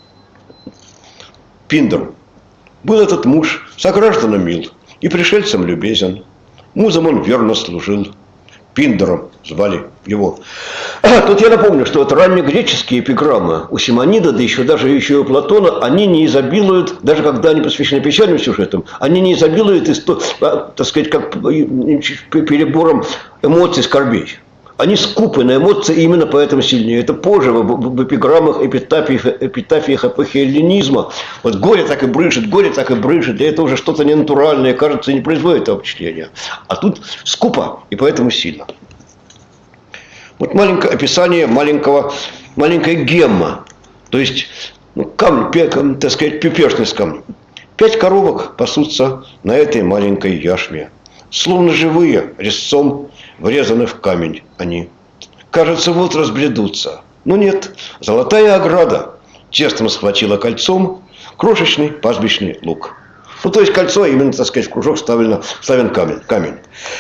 Пиндр. Был этот муж согражданам мил и пришельцам любезен. Музам он верно служил. Пиндром звали его. Тут я напомню, что вот раннегреческие эпиграммы у Симонида, да еще даже и у Платона, они не изобилуют, даже когда они посвящены печальным сюжетам, они не изобилуют, так сказать, как перебором эмоций, скорбей. Они скупы на эмоции, и именно поэтому сильнее. Это позже в эпиграммах, эпитафиях эпохи эллинизма. Вот горе так и брыжет, и это уже что-то ненатуральное, кажется, не производит этого впечатления. А тут скупо, и поэтому сильно. Вот маленькое описание маленькая гемма. То есть, ну, камень, так сказать, пепешность камня. 5 коровок пасутся на этой маленькой яшме. Словно живые, резцом врезаны в камень они. Кажется, вот разбредутся. Но нет, золотая ограда честно схватила кольцом крошечный пастбищный луг. Ну, то есть кольцо, именно, так сказать, в кружок вставлен камень.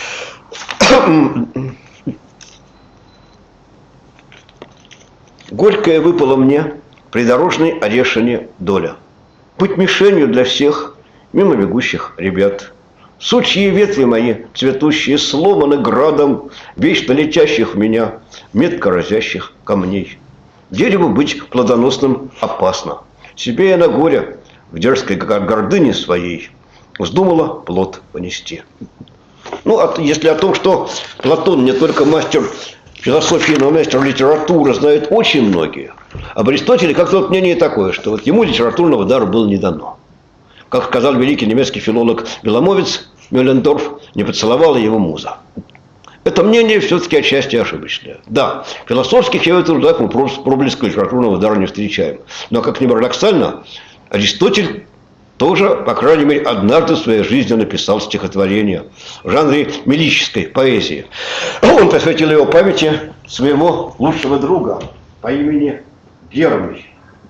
Горькая выпала мне придорожной орешине доля. Быть мишенью для всех мимо бегущих ребят. Сучьи ветви мои, цветущие, сломаны градом вечно летящих в меня, метко разящих камней. Дереву быть плодоносным опасно. Себе я на горе, в дерзкой гордыне своей, вздумала плод понести. Ну, если о том, что Платон не только мастер философии, но мастер литературы, знают очень многие. Об Аристотеле как-то вот мнение такое, что вот ему литературного дара было не дано. Как сказал великий немецкий филолог Беломовец, Мюллендорф, не поцеловала его муза. Это мнение все-таки отчасти ошибочное. Да, философских я в этом трудах мы проблеска литературного дара не встречаем. Но, как ни парадоксально, Аристотель тоже, по крайней мере, однажды в своей жизни написал стихотворение в жанре мелической поэзии. Он посвятил его памяти своего лучшего друга по имени Гермий.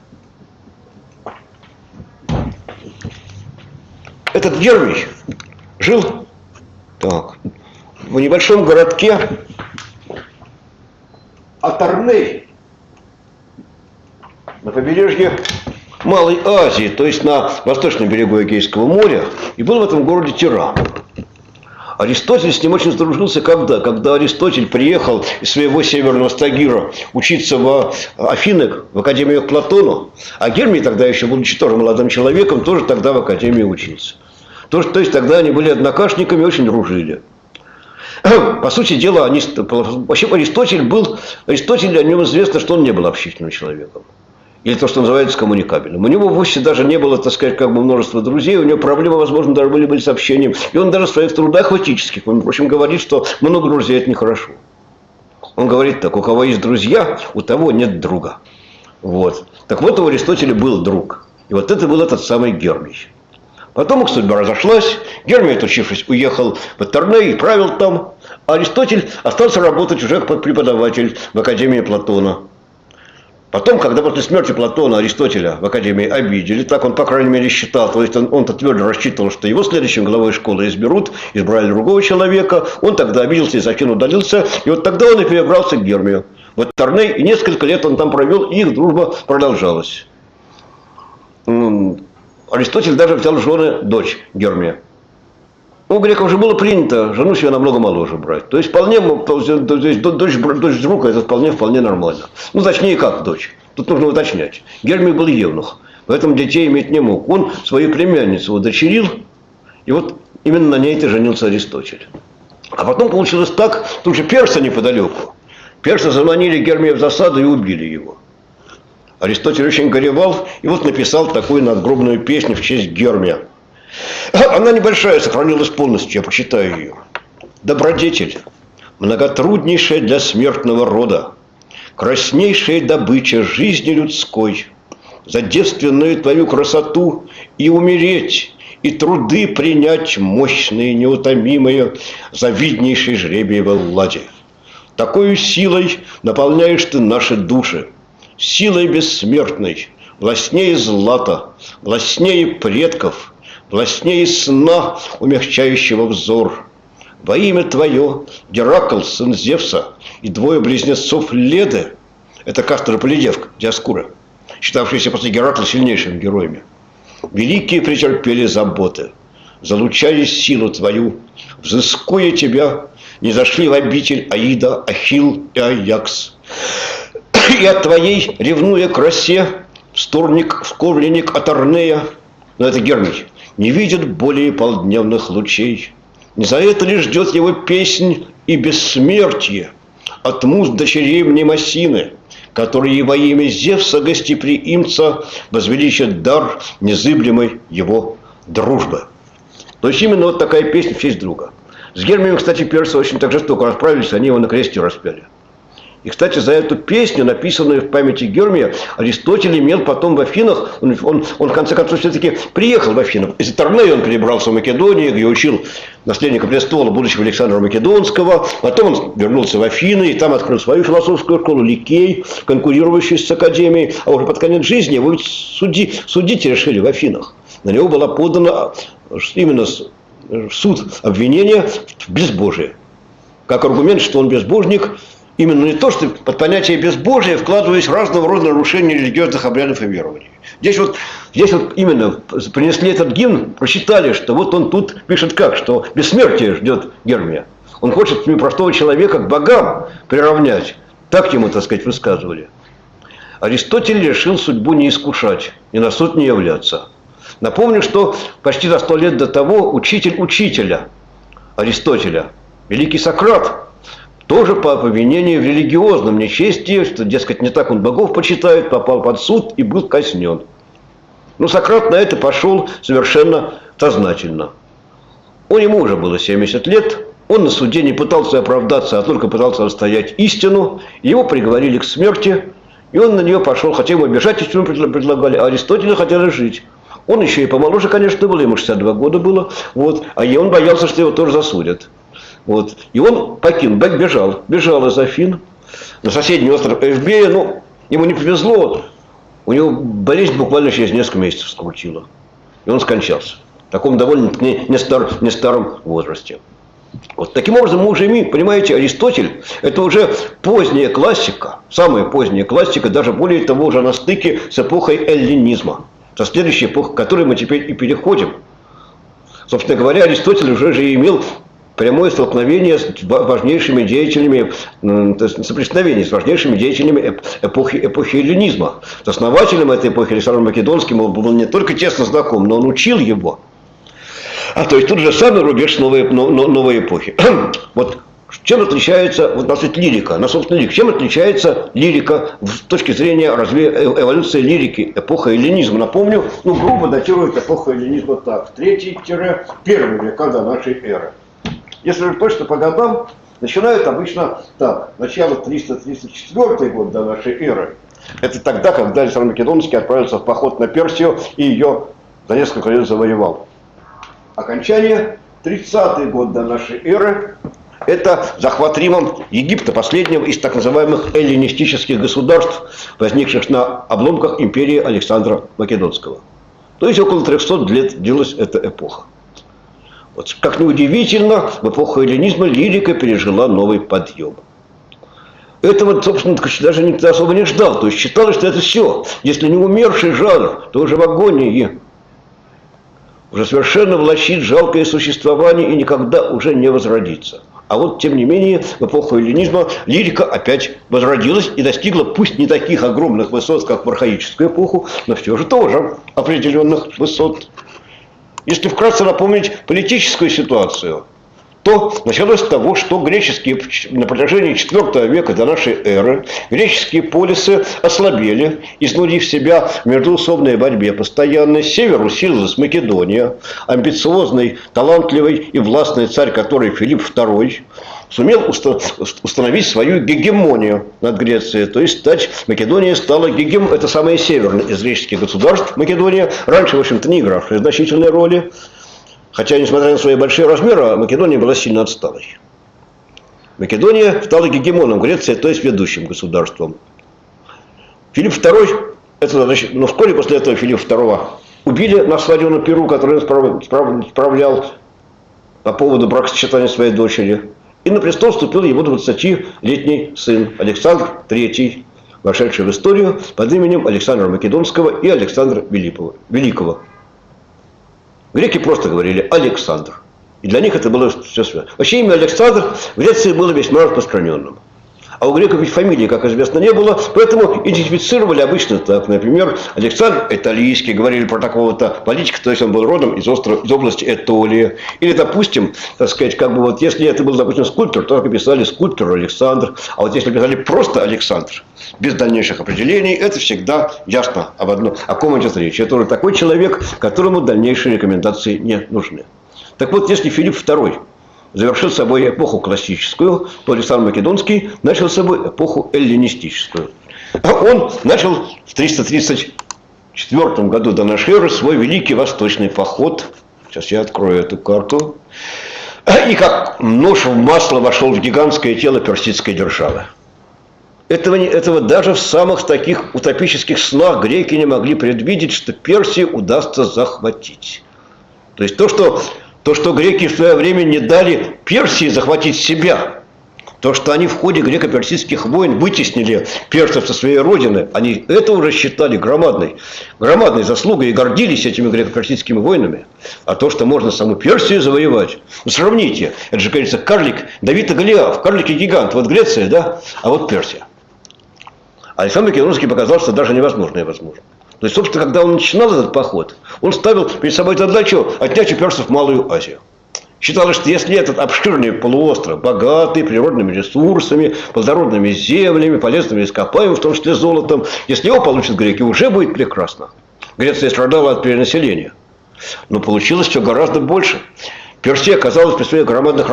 Этот Гермий жил в небольшом городке Аторней на побережье Малой Азии, то есть на восточном берегу Эгейского моря, и был в этом городе тиран. Аристотель с ним очень сдружился когда Аристотель приехал из своего северного Стагира учиться в Афинах, в академию к Платону, а Гермий тогда еще, будучи тоже молодым человеком, тоже тогда в академии учился. То есть тогда они были однокашниками, очень дружили. По сути дела, вообще Аристотель о нем известно, что он не был общительным человеком. или то, что называется коммуникабельным. У него вовсе даже не было, так сказать, как бы множества друзей, у него проблемы, возможно, даже были с общением. И он даже в своих трудах этических, он, в общем, говорит, что много друзей – это нехорошо. Он говорит так: у кого есть друзья, у того нет друга. Вот. Так вот, у Аристотеля был друг. И вот это был этот самый Гермий. Потом их судьба разошлась. Гермий, отучившись, уехал в Атерней и правил там. А Аристотель остался работать уже как преподаватель в Академии Платона. Потом, когда после смерти Платона Аристотеля в Академии обидели, так он, по крайней мере, считал, то есть он-то твердо рассчитывал, что его следующим главой школы изберут, избрали другого человека, он тогда обиделся, из Афин удалился, и вот тогда он и перебрался к Гермию. В Атерней, и несколько лет он там провел, и их дружба продолжалась. Аристотель даже взял в жены дочь Гермия. У греков же было принято жену себе намного моложе брать. То есть, вполне, дочь друга, это вполне нормально. Ну, точнее, как дочь. Тут нужно уточнять. Гермий был евнух, поэтому детей иметь не мог. Он свою племянницу удочерил, и вот именно на ней-то женился Аристотель. А потом получилось так, тут же персы неподалеку. Персы заманили Гермия в засаду и убили его. Аристотель очень горевал, и вот написал такую надгробную песню в честь Гермия. Она небольшая, сохранилась полностью, я прочитаю ее. Добродетель, многотруднейшая для смертного рода, краснейшая добыча жизни людской, за девственную твою красоту и умереть, и труды принять мощные, неутомимые, за виднейшей жребиевой ладе. Такою силой наполняешь ты наши души, силой бессмертной, властнее злата, властнее предков, властнее сна, умягчающего взор. Во имя твое, Геракл, сын Зевса, и двое близнецов Леды, это Кастор и Полидевка, Диоскура, считавшиеся после Геракла сильнейшими героями, великие претерпели заботы, залучали силу твою, взыскуя тебя, не зашли в обитель Аида, Ахилл и Аякс. И от твоей, ревнуя красе, вскормленник Атернея, но это Гермий, не видит более полдневных лучей. Не за это ли ждет его песнь и бессмертие от муз дочерей Мнемосины, которые во имя Зевса гостеприимца возвеличат дар незыблемой его дружбы. То есть именно вот такая песня в честь друга. С Гермием, кстати, персы очень так жестоко расправились, они его на кресте распяли. И, кстати, за эту песню, написанную в памяти Гермия, Аристотель имел потом в Афинах, он в конце концов все-таки приехал в Афины. Из Атернея он перебрался в Македонию, где учил наследника престола, будущего Александра Македонского. Потом он вернулся в Афины и там открыл свою философскую школу, Ликей, конкурирующую с Академией. А уже под конец жизни его судить решили в Афинах. На него была подана именно суд обвинения в безбожии. Как аргумент, что он безбожник. Именно не то, что под понятие безбожия вкладывались разного рода нарушения религиозных обрядов и верований. Здесь вот именно принесли этот гимн, прочитали, что вот он тут пишет как, что бессмертие ждет Гермия. Он хочет простого человека к богам приравнять. Так ему, так сказать, высказывали. Аристотель решил судьбу не искушать и на суд не являться. Напомню, что почти за 100 лет до того учитель учителя Аристотеля, великий Сократ, тоже по обвинению в религиозном нечестии, что, дескать, не так он богов почитает, попал под суд и был казнен. Но Сократ на это пошел совершенно сознательно. Ему уже было 70 лет, он на суде не пытался оправдаться, а только пытался отстоять истину. Его приговорили к смерти, и он на нее пошел, хотя ему бежать из тюрьмы предлагали, а Аристотелю хотели жить. Он еще и помоложе, конечно, был, ему 62 года было, вот, а он боялся, что его тоже засудят. Вот. И он бежал из Афин на соседний остров Эвбея, но ему не повезло, у него болезнь буквально через несколько месяцев скрутила, и он скончался в таком довольно не старом возрасте. Вот. Таким образом, мы уже имеем, понимаете, Аристотель – это уже поздняя классика, самая поздняя классика, даже более того, уже на стыке с эпохой эллинизма, со следующей эпохой, к которой мы теперь и переходим. Собственно говоря, Аристотель уже же имел прямое столкновение с важнейшими деятелями, соприкосновение с важнейшими деятелями эпохи эллинизма. С основателем этой эпохи Александром Македонским он был не только тесно знаком, но он учил его. То есть тут же самый рубеж новой эпохи. Вот Чем отличается, вот, значит, лирика, на собственно лирика, чем отличается лирика с точки зрения эволюции лирики, эпоха эллинизма? Напомню, грубо датирует эпоху эллинизма так, 3-1 века до нашей эры. Если же точно по годам, начинают обычно так, начало 334 год до нашей эры. Это тогда, когда Александр Македонский отправился в поход на Персию и ее за несколько лет завоевал. Окончание 30-й год до нашей эры. Это захват Римом Египта, последнего из так называемых эллинистических государств, возникших на обломках империи Александра Македонского. То есть около 300 лет длилась эта эпоха. Вот, как ни удивительно, в эпоху эллинизма лирика пережила новый подъем. Этого, собственно, даже никто особо не ждал. То есть считалось, что это все. Если не умерший жанр, то уже в агонии. Уже совершенно влачит жалкое существование и никогда уже не возродится. А вот, тем не менее, в эпоху эллинизма лирика опять возродилась и достигла, пусть не таких огромных высот, как в архаическую эпоху, но все же тоже определенных высот. Если вкратце напомнить политическую ситуацию, то началось с того, что греческие на протяжении IV века до нашей эры греческие полисы ослабели, изнурив себя в междоусобной борьбе постоянной. С севера усилилась Македония, амбициозный, талантливый и властный царь, который Филипп II, сумел установить свою гегемонию над Грецией, то есть Македония стала это самое северное из греческих государств, Македония, раньше, в общем-то, не игравшая значительной роли. Хотя, несмотря на свои большие размеры, Македония была сильно отсталой. Македония стала гегемоном Греции, то есть ведущим государством. Филипп II, вскоре после этого Филиппа II убили на свадьбу на Перу, который он справлял по поводу бракосочетания своей дочери. И на престол вступил его 20-летний сын Александр III, вошедший в историю под именем Александра Македонского и Александра Великого. Греки просто говорили «Александр». И для них это было все связано. Вообще имя Александр в Греции было весьма распространенным. А у греков ведь фамилии, как известно, не было, поэтому идентифицировали обычно так. Например, Александр Этолийский, говорили про такого-то политика, то есть он был родом из области Этолии. Или, допустим, так сказать, если это был, допустим, скульптор, то писали скульптор Александр. А вот если писали просто Александр, без дальнейших определений, это всегда ясно о ком идет речь. Это уже такой человек, которому дальнейшие рекомендации не нужны. Так вот, если Филипп II завершил собой эпоху классическую, то Александр Македонский начал с собой эпоху эллинистическую. Он начал в 334 году до нашей эры свой великий восточный поход. Сейчас я открою эту карту. И как нож в масло вошел в гигантское тело персидской державы. Этого даже в самых таких утопических снах греки не могли предвидеть, что Персию удастся захватить. То есть то, что греки в свое время не дали Персии захватить себя, то, что они в ходе греко-персидских войн вытеснили персов со своей родины, они это уже считали громадной заслугой и гордились этими греко-персидскими войнами. А то, что можно саму Персию завоевать, сравните, это же, кажется, карлик Давид и Голиаф, карлик и гигант, вот Греция, да, а вот Персия. Александр Македонский показал, что даже невозможное возможно. То есть, собственно, когда он начинал этот поход, он ставил перед собой задачу отнять у персов Малую Азию. Считалось, что если этот обширный полуостров, богатый природными ресурсами, плодородными землями, полезными ископаемыми, в том числе золотом, если его получат греки, уже будет прекрасно. Греция страдала от перенаселения. Но получилось все гораздо больше. Персия оказалась при своих громадных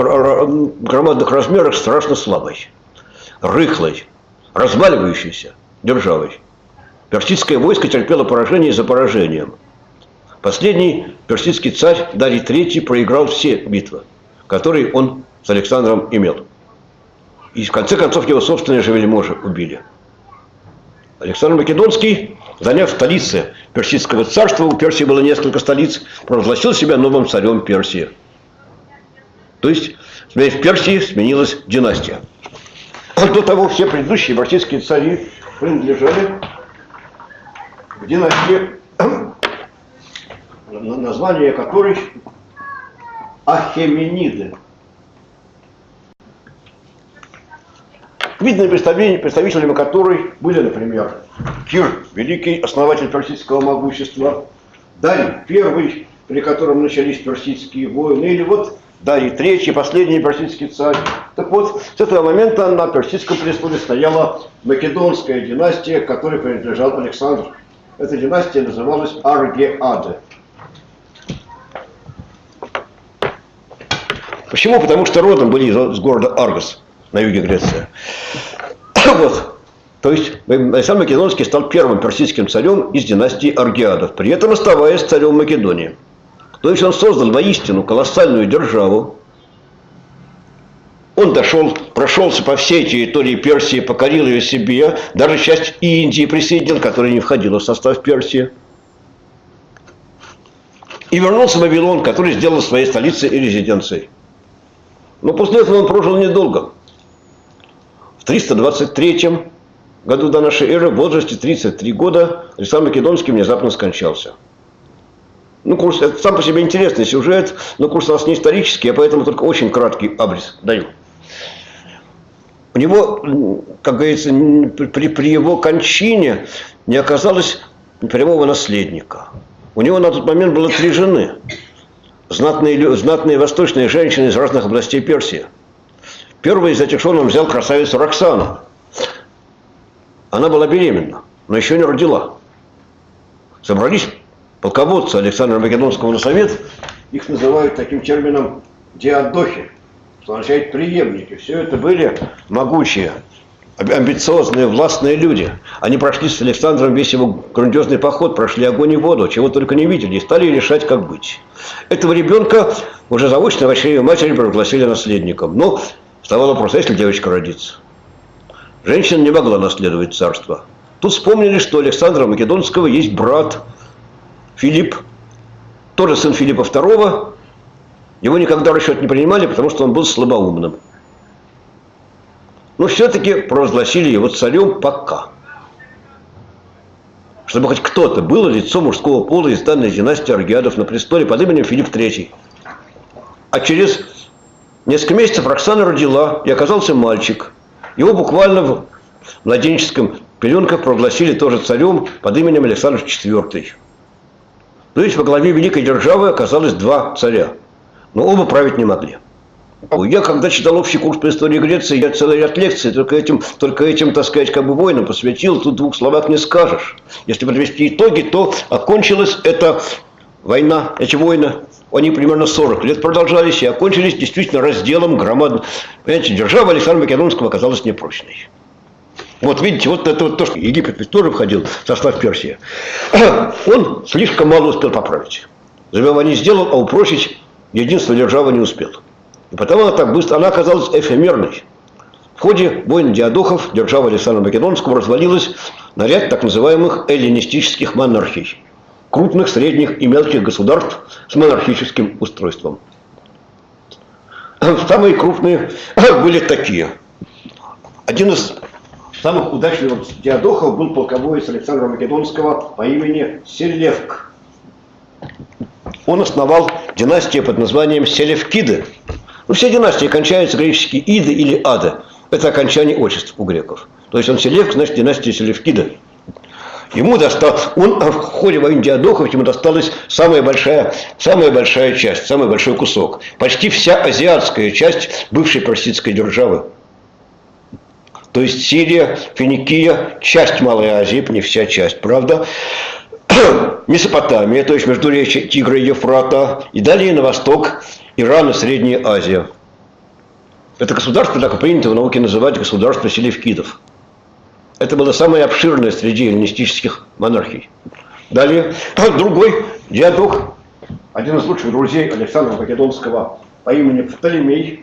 размерах страшно слабой, рыхлой, разваливающейся державой. Персидское войско терпело поражение за поражением. Последний персидский царь Дарий III проиграл все битвы, которые он с Александром имел. И в конце концов его собственные же вельможи убили. Александр Македонский, заняв столицы Персидского царства, у Персии было несколько столиц, провозгласил себя новым царем Персии. То есть в Персии сменилась династия. До того все предыдущие персидские цари принадлежали к династии, название которой Ахемениды. Видными представителями которой были, например, Кир, великий основатель персидского могущества, Дарий I, при котором начались персидские войны, или вот Дарий III, последний персидский царь. Так вот, с этого момента на персидском престоле стояла македонская династия, которой принадлежал Александр. Эта династия называлась Аргеады. Почему? Потому что родом были из города Аргос на юге Греции. Вот. То есть Александр Македонский стал первым персидским царем из династии Аргеадов, при этом оставаясь царем Македонии. То есть он создал воистину колоссальную державу. Он прошелся по всей территории Персии, покорил ее себе, даже часть Индии присоединил, которая не входила в состав Персии. И вернулся в Вавилон, который сделал своей столицей и резиденцией. Но после этого он прожил недолго. В 323 году до нашей эры, в возрасте 33 года, Александр Македонский внезапно скончался. Ну, курс, это сам по себе интересный сюжет, но курс у нас не исторический, а поэтому только очень краткий абрис даю. У него, как говорится, при его кончине не оказалось прямого наследника. У него на тот момент было 3 жены. Знатные восточные женщины из разных областей Персии. Первой из этих жен он взял красавицу Роксану. Она была беременна, но еще не родила. Собрались полководцы Александра Македонского на совет. Их называют таким термином диадохи, что означает преемники. Все это были могучие, амбициозные, властные люди. Они прошли с Александром весь его грандиозный поход, прошли огонь и воду, чего только не видели, и стали решать, как быть. Этого ребенка уже заочно в очреве матери провозгласили наследником. Но вставал вопрос, а если девочка родится? Женщина не могла наследовать царство. Тут вспомнили, что у Александра Македонского есть брат Филипп, тоже сын Филиппа II. Его никогда в расчет не принимали, потому что он был слабоумным. Но все-таки провозгласили его царем пока. Чтобы хоть кто-то был лицом мужского пола из данной династии Аргеадов на престоле под именем Филипп III. А через несколько месяцев Роксана родила, и оказался мальчик. Его буквально в младенческом пеленках провозгласили тоже царем под именем Александр IV. То есть во главе великой державы оказалось 2 царя. Но оба править не могли. Я, когда читал общий курс по истории Греции, я целый ряд лекций только этим, так сказать, как бы войнам посвятил. Тут в 2 словах не скажешь. Если подвести итоги, то окончилась эта война, эти войны, они примерно 40 лет продолжались и окончились действительно разделом громадным. Понимаете, держава Александра Македонского оказалась непрочной. Вот видите, вот это вот то, что Египет ведь тоже входил в состав Персии. Он слишком мало успел поправить. Завоевание сделал, а упрочить единство державы не успел. И потому она оказалась эфемерной. В ходе войн диадохов держава Александра Македонского развалилась на ряд так называемых эллинистических монархий. Крупных, средних и мелких государств с монархическим устройством. Самые крупные были такие. Один из самых удачливых диадохов был полководец Александра Македонского по имени Селевк. Он основал династию под названием Селевкиды. Ну, все династии кончаются гречески «иды» или «ады». Это окончание отчеств у греков. То есть он Селевк, значит, династия Селевкиды. Ему в ходе войны диадохов ему досталась самая большая часть, самый большой кусок. Почти вся азиатская часть бывшей персидской державы. То есть Сирия, Финикия, часть Малой Азии, не вся часть, правда. Месопотамия, то есть междуречье Тигра и Ефрата. И далее на восток Иран и Средняя Азия. Это государство, так и принято в науке называть государство селевкидов. Это было самое обширное среди эллинистических монархий. Далее, другой диадох, один из лучших друзей Александра Македонского по имени Птолемей,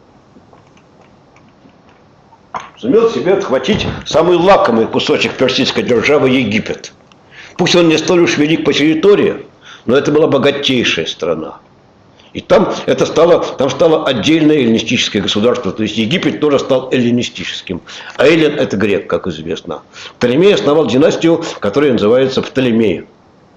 сумел себе отхватить самый лакомый кусочек персидской державы Египет. Пусть он не столь уж велик по территории, но это была богатейшая страна. И там стало отдельное эллинистическое государство. То есть Египет тоже стал эллинистическим. А Эллин – это грек, как известно. Птолемей основал династию, которая называется Птолемеи.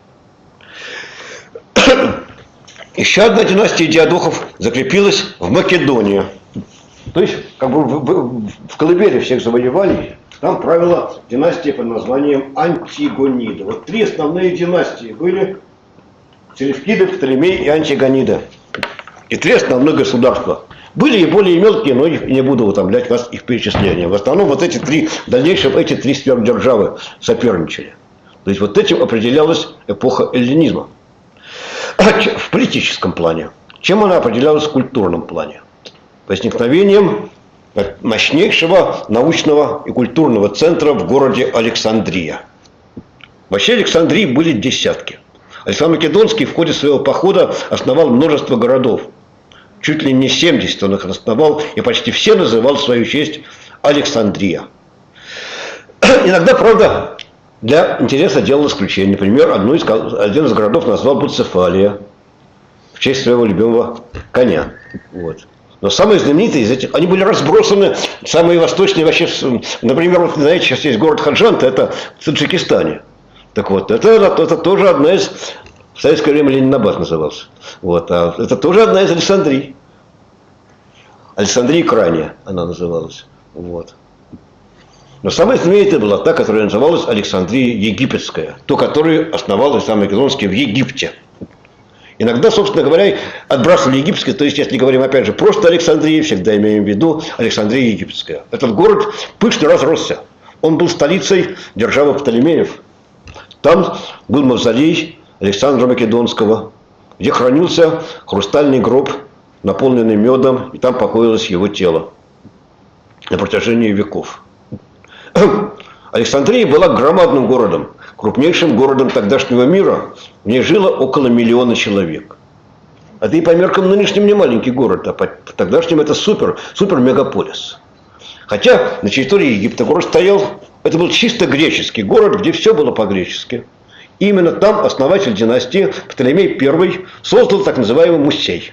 Еще одна династия диадохов закрепилась в Македонии. То есть, как бы в колыбели всех завоеваний, там правила династия под названием Антигонида. Вот 3 основные династии были: Селевкиды, Птолемей и Антигонида. И три основных государства. Были и более мелкие, но их не буду утомлять вас их перечислением. В основном вот эти три, в дальнейшем эти три сверхдержавы соперничали. То есть вот этим определялась эпоха эллинизма. В политическом плане. Чем она определялась в культурном плане? Возникновением мощнейшего научного и культурного центра в городе Александрия. Вообще Александрии были десятки. Александр Македонский в ходе своего похода основал множество городов. Чуть ли не 70 он их основал, и почти все называл в свою честь Александрия. Иногда, правда, для интереса делал исключение. Например, один из городов назвал Буцефалия в честь своего любимого коня. Вот. Но самые знаменитые из этих, они были разбросаны, самые восточные вообще, например, вот, знаете, сейчас есть город Хаджанта, это в Таджикистане. Так вот, это тоже одна из, в советское время Ленинабад назывался. Вот, а это тоже одна из Александрий. Александрия крайняя она называлась. Вот. Но самая знаменитая была та, которая называлась Александрия Египетская. Ту, которую основал Александр Македонский в Египте. Иногда, собственно говоря, отбрасывали египетское, то есть, если говорим, опять же, просто Александрия, всегда имеем в виду Александрия Египетская. Этот город пышно разросся. Он был столицей державы Птолемеев. Там был мавзолей Александра Македонского, где хранился хрустальный гроб, наполненный медом, и там покоилось его тело на протяжении веков. Александрия была громадным городом, крупнейшим городом тогдашнего мира. В ней жило около 1 миллиона человек. Это и по меркам нынешним не маленький город, а по тогдашним это супер-мегаполис. Хотя на территории Египта город стоял, это был чисто греческий город, где все было по-гречески. Именно там основатель династии Птолемей I создал так называемый музей.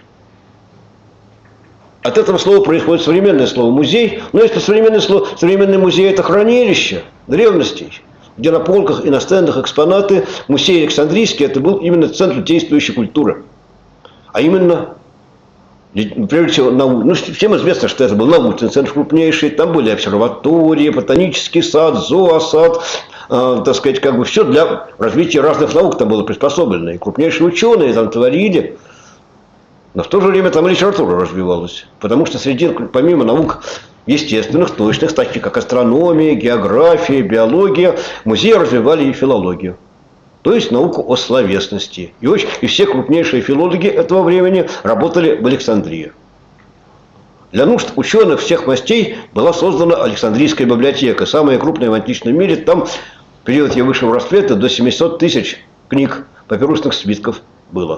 От этого слова происходит современное слово «музей». Но если современный музей – это хранилище древностей, где на полках и на стендах экспонаты, музей Александрийский – это был именно центр действующей культуры. А именно, прежде всего, всем известно, что это был научный центр крупнейший. Там были обсерватории, ботанический сад, зоосад, так сказать, как бы все для развития разных наук там было приспособлено. И крупнейшие ученые там творили. Но в то же время там и литература развивалась. Потому что помимо наук естественных, точных, таких как астрономия, география, биология, музеи развивали и филологию. То есть науку о словесности. И все крупнейшие филологи этого времени работали в Александрии. Для нужд ученых всех мастей была создана Александрийская библиотека. Самая крупная в античном мире. Там в период ее высшего расцвета до 700 тысяч книг, папирусных свитков было.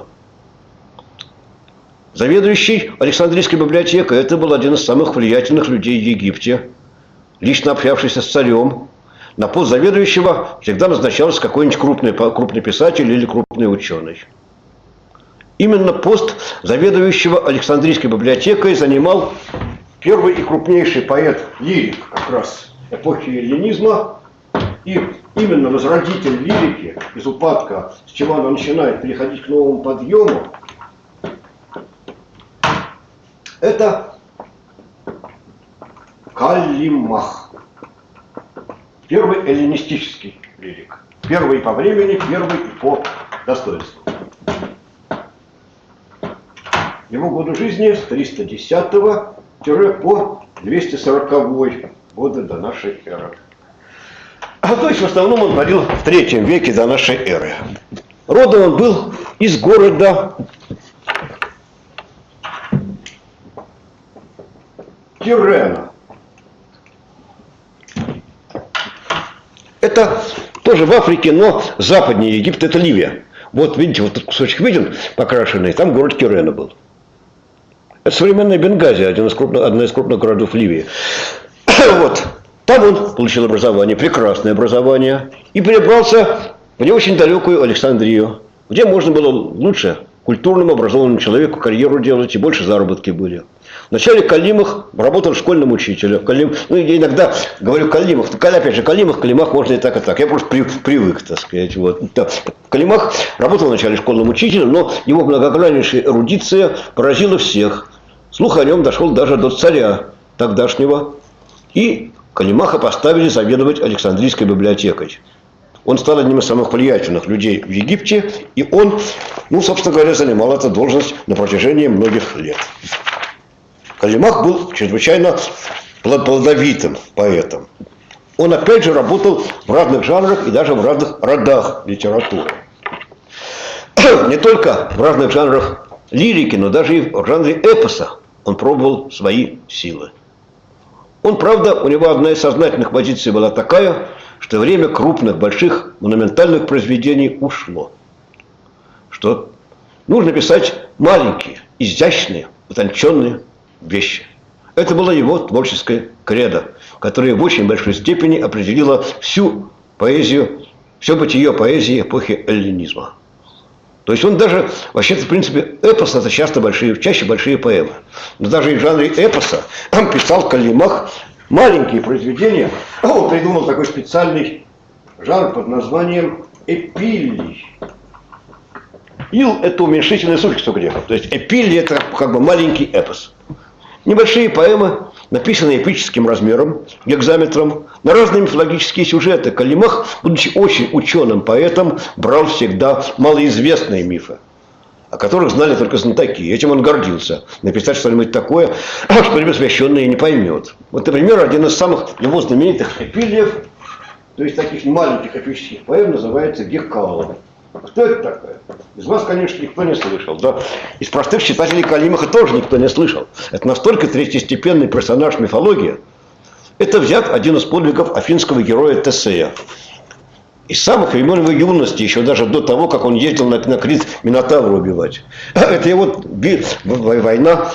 Заведующий Александрийской библиотекой, это был один из самых влиятельных людей в Египте, лично общавшийся с царем. На пост заведующего всегда назначался какой-нибудь крупный писатель или крупный ученый. Именно пост заведующего Александрийской библиотекой занимал первый и крупнейший поэт-лирик как раз эпохи эллинизма. И именно возродитель лирики из упадка, с чего она начинает переходить к новому подъему, это Каллимах. Первый эллинистический лирик. Первый по времени, первый по достоинству. Его годы жизни с 310 по 240 годы до нашей эры. То есть в основном он родил в 3 веке до нашей эры. Родом он был из города Тирена. Это тоже в Африке, но западнее Египта, это Ливия. Вот видите, вот этот кусочек виден, покрашенный, там город Тирена был. Это современная Бенгази, одна из крупных городов Ливии. Вот. Там он получил образование, прекрасное образование, и перебрался в не очень далекую Александрию, где можно было лучше культурному, образованному человеку карьеру делать, и больше заработки были. Вначале Калимах работал школьным учителем. Я иногда говорю Калимах. Опять же, Калимах можно и так. Я просто привык, так сказать. Вот. Калимах работал вначале школьным учителем, но его многограннейшая эрудиция поразила всех. Слух о нем дошел даже до царя тогдашнего. И Калимаха поставили заведовать Александрийской библиотекой. Он стал одним из самых влиятельных людей в Египте, и он, ну, собственно говоря, занимал эту должность на протяжении многих лет. Каллимах был чрезвычайно плодовитым поэтом. Он опять же работал в разных жанрах и даже в разных родах литературы. Не только в разных жанрах лирики, но даже и в жанре эпоса он пробовал свои силы. Он, правда, у него одна из сознательных позиций была такая, что время крупных, больших, монументальных произведений ушло. Что нужно писать маленькие, изящные, утонченные вещи. Это было его творческое кредо, которое в очень большой степени определило всю поэзию, все бытие поэзии эпохи эллинизма. То есть он даже, вообще-то, в принципе, эпос – это чаще большие поэмы. Но даже и в жанре эпоса он писал Каллимах маленькие произведения. Он придумал такой специальный жанр под названием эпиллий. Ил – это уменьшительный суффикс у греков. То есть эпиллий – это как бы маленький эпос. Небольшие поэмы, написанные эпическим размером, гекзаметром, на разные мифологические сюжеты. Каллимах, будучи очень ученым поэтом, брал всегда малоизвестные мифы, о которых знали только знатоки. Этим он гордился. Написать что-нибудь такое, что непосвященный не поймет. Вот, например, один из самых его знаменитых эпиллиев, то есть таких маленьких эпических поэм, называется «Геккала». Кто это такая? Из вас, конечно, никто не слышал. Да? Из простых читателей Каллимаха тоже никто не слышал. Это настолько третьестепенный персонаж мифологии. Это взят один из подвигов афинского героя Тесея. Из самых времен его юности, еще даже до того, как он ездил на Крит Минотавра убивать. Это его война,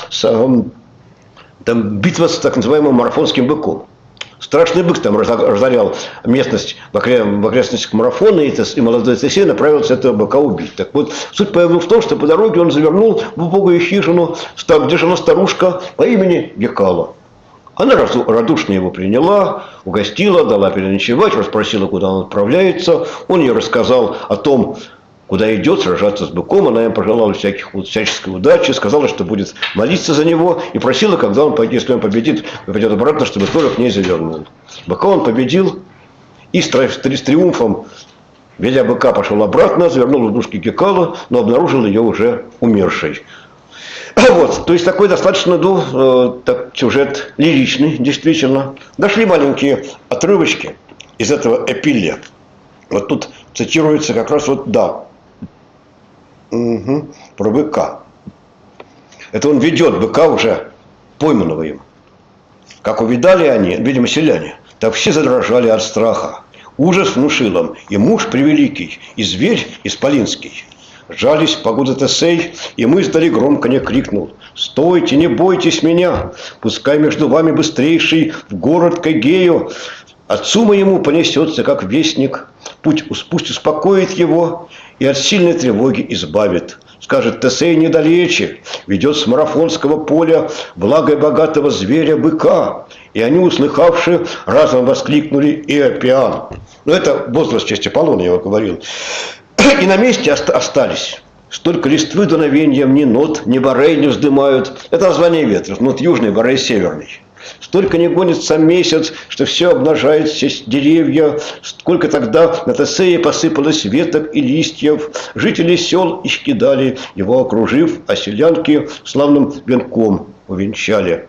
битва с так называемым марафонским быком. Страшный бык там разорял местность в окрестностях Марафона, и молодой Тесей направился этого быка убить. Так вот, суть появилась в том, что по дороге он завернул в убогую хижину, где жила старушка по имени Геккала. Она радушно его приняла, угостила, дала переночевать, расспросила, куда он отправляется. Он ей рассказал о том, куда идет сражаться с быком. Она им пожелала всяческой удачи, сказала, что будет молиться за него, и просила, когда он, если он победит, пойдет обратно, чтобы тоже к ней завернул. Быка он победил, и с триумфом, ведя быка, пошел обратно, завернул в душки Геккалы, но обнаружил ее уже умершей. Вот, то есть такой достаточно сюжет лиричный, действительно. Дошли маленькие отрывочки из этого эпиллия. Вот тут цитируется как раз вот да. Про быка. Это он ведет быка уже пойманного им. Как увидали они, видимо, селяне, так все задрожали от страха. Ужас внушил им и муж превеликий, и зверь исполинский. Жались погода Тесей, и мы издали громко не крикнул: «Стойте, не бойтесь меня! Пускай между вами быстрейший в город к Эгею. Отцу моему понесется, как вестник, пусть успокоит его и от сильной тревоги избавит. Скажет: Тесей недалече, ведет с марафонского поля благо богатого зверя быка». И они, услыхавши, разом воскликнули: «Иопиан!» Но это возраст в честь Аполлона, я его говорил. И на месте остались. Столько листвы дуновеньем ни нот, ни борей не вздымают. Это название ветров. Нот южный, борей северный. Столько не гонится месяц, что все обнажает все деревья. Сколько тогда на Тесее посыпалось веток и листьев. Жители сел исчкидали, его окружив, а селянки славным венком увенчали.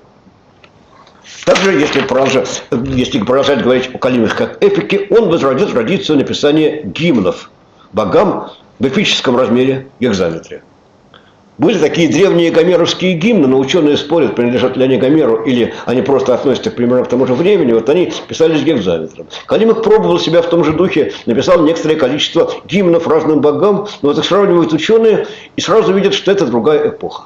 Также, если продолжать говорить о Каллимахе как эпике, он возродил традицию написания гимнов богам в эпическом размере гекзаметре. Были такие древние гомеровские гимны, но ученые спорят, принадлежат ли они Гомеру или они просто относятся примерно к тому же времени. Вот они писались гекзаметром. Каллимах пробовал себя в том же духе, написал некоторое количество гимнов разным богам, но вот их сравнивают ученые и сразу видят, что это другая эпоха.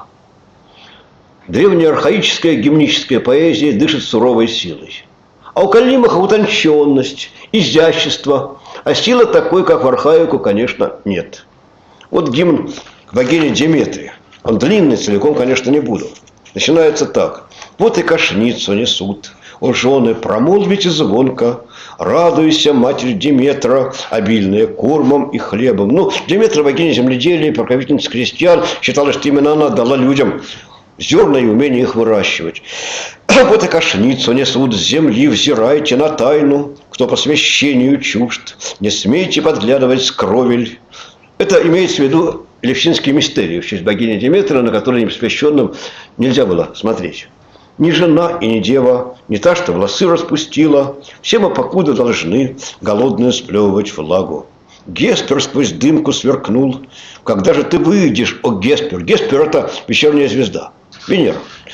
Древняя архаическая гимническая поэзия дышит суровой силой. А у Каллимаха утонченность, изящество, а силы такой, как в архаику, конечно, нет. Вот гимн к богине Деметрии. Он длинный, целиком, конечно, не буду. Начинается так. Вот и кошницу несут, о жены, промолвите звонко, радуйся, матерь Деметра, обильная кормом и хлебом. Ну, Деметра, богиня земледелия, покровительница крестьян, считалось, что именно она дала людям зерна и умение их выращивать. Вот и кашницу несут с земли, взирайте на тайну, кто по священию чужд, не смейте подглядывать с кровель. Это имеется в виду Элевсинские мистерии в честь богини Деметры, на которые непосвященным нельзя было смотреть. Ни жена и ни дева, не та, что волосы распустила, все мы покуда должны голодные сплевывать влагу. Геспер сквозь дымку сверкнул. Когда же ты выйдешь, о Геспер? Геспер – это вечерняя звезда, Венера.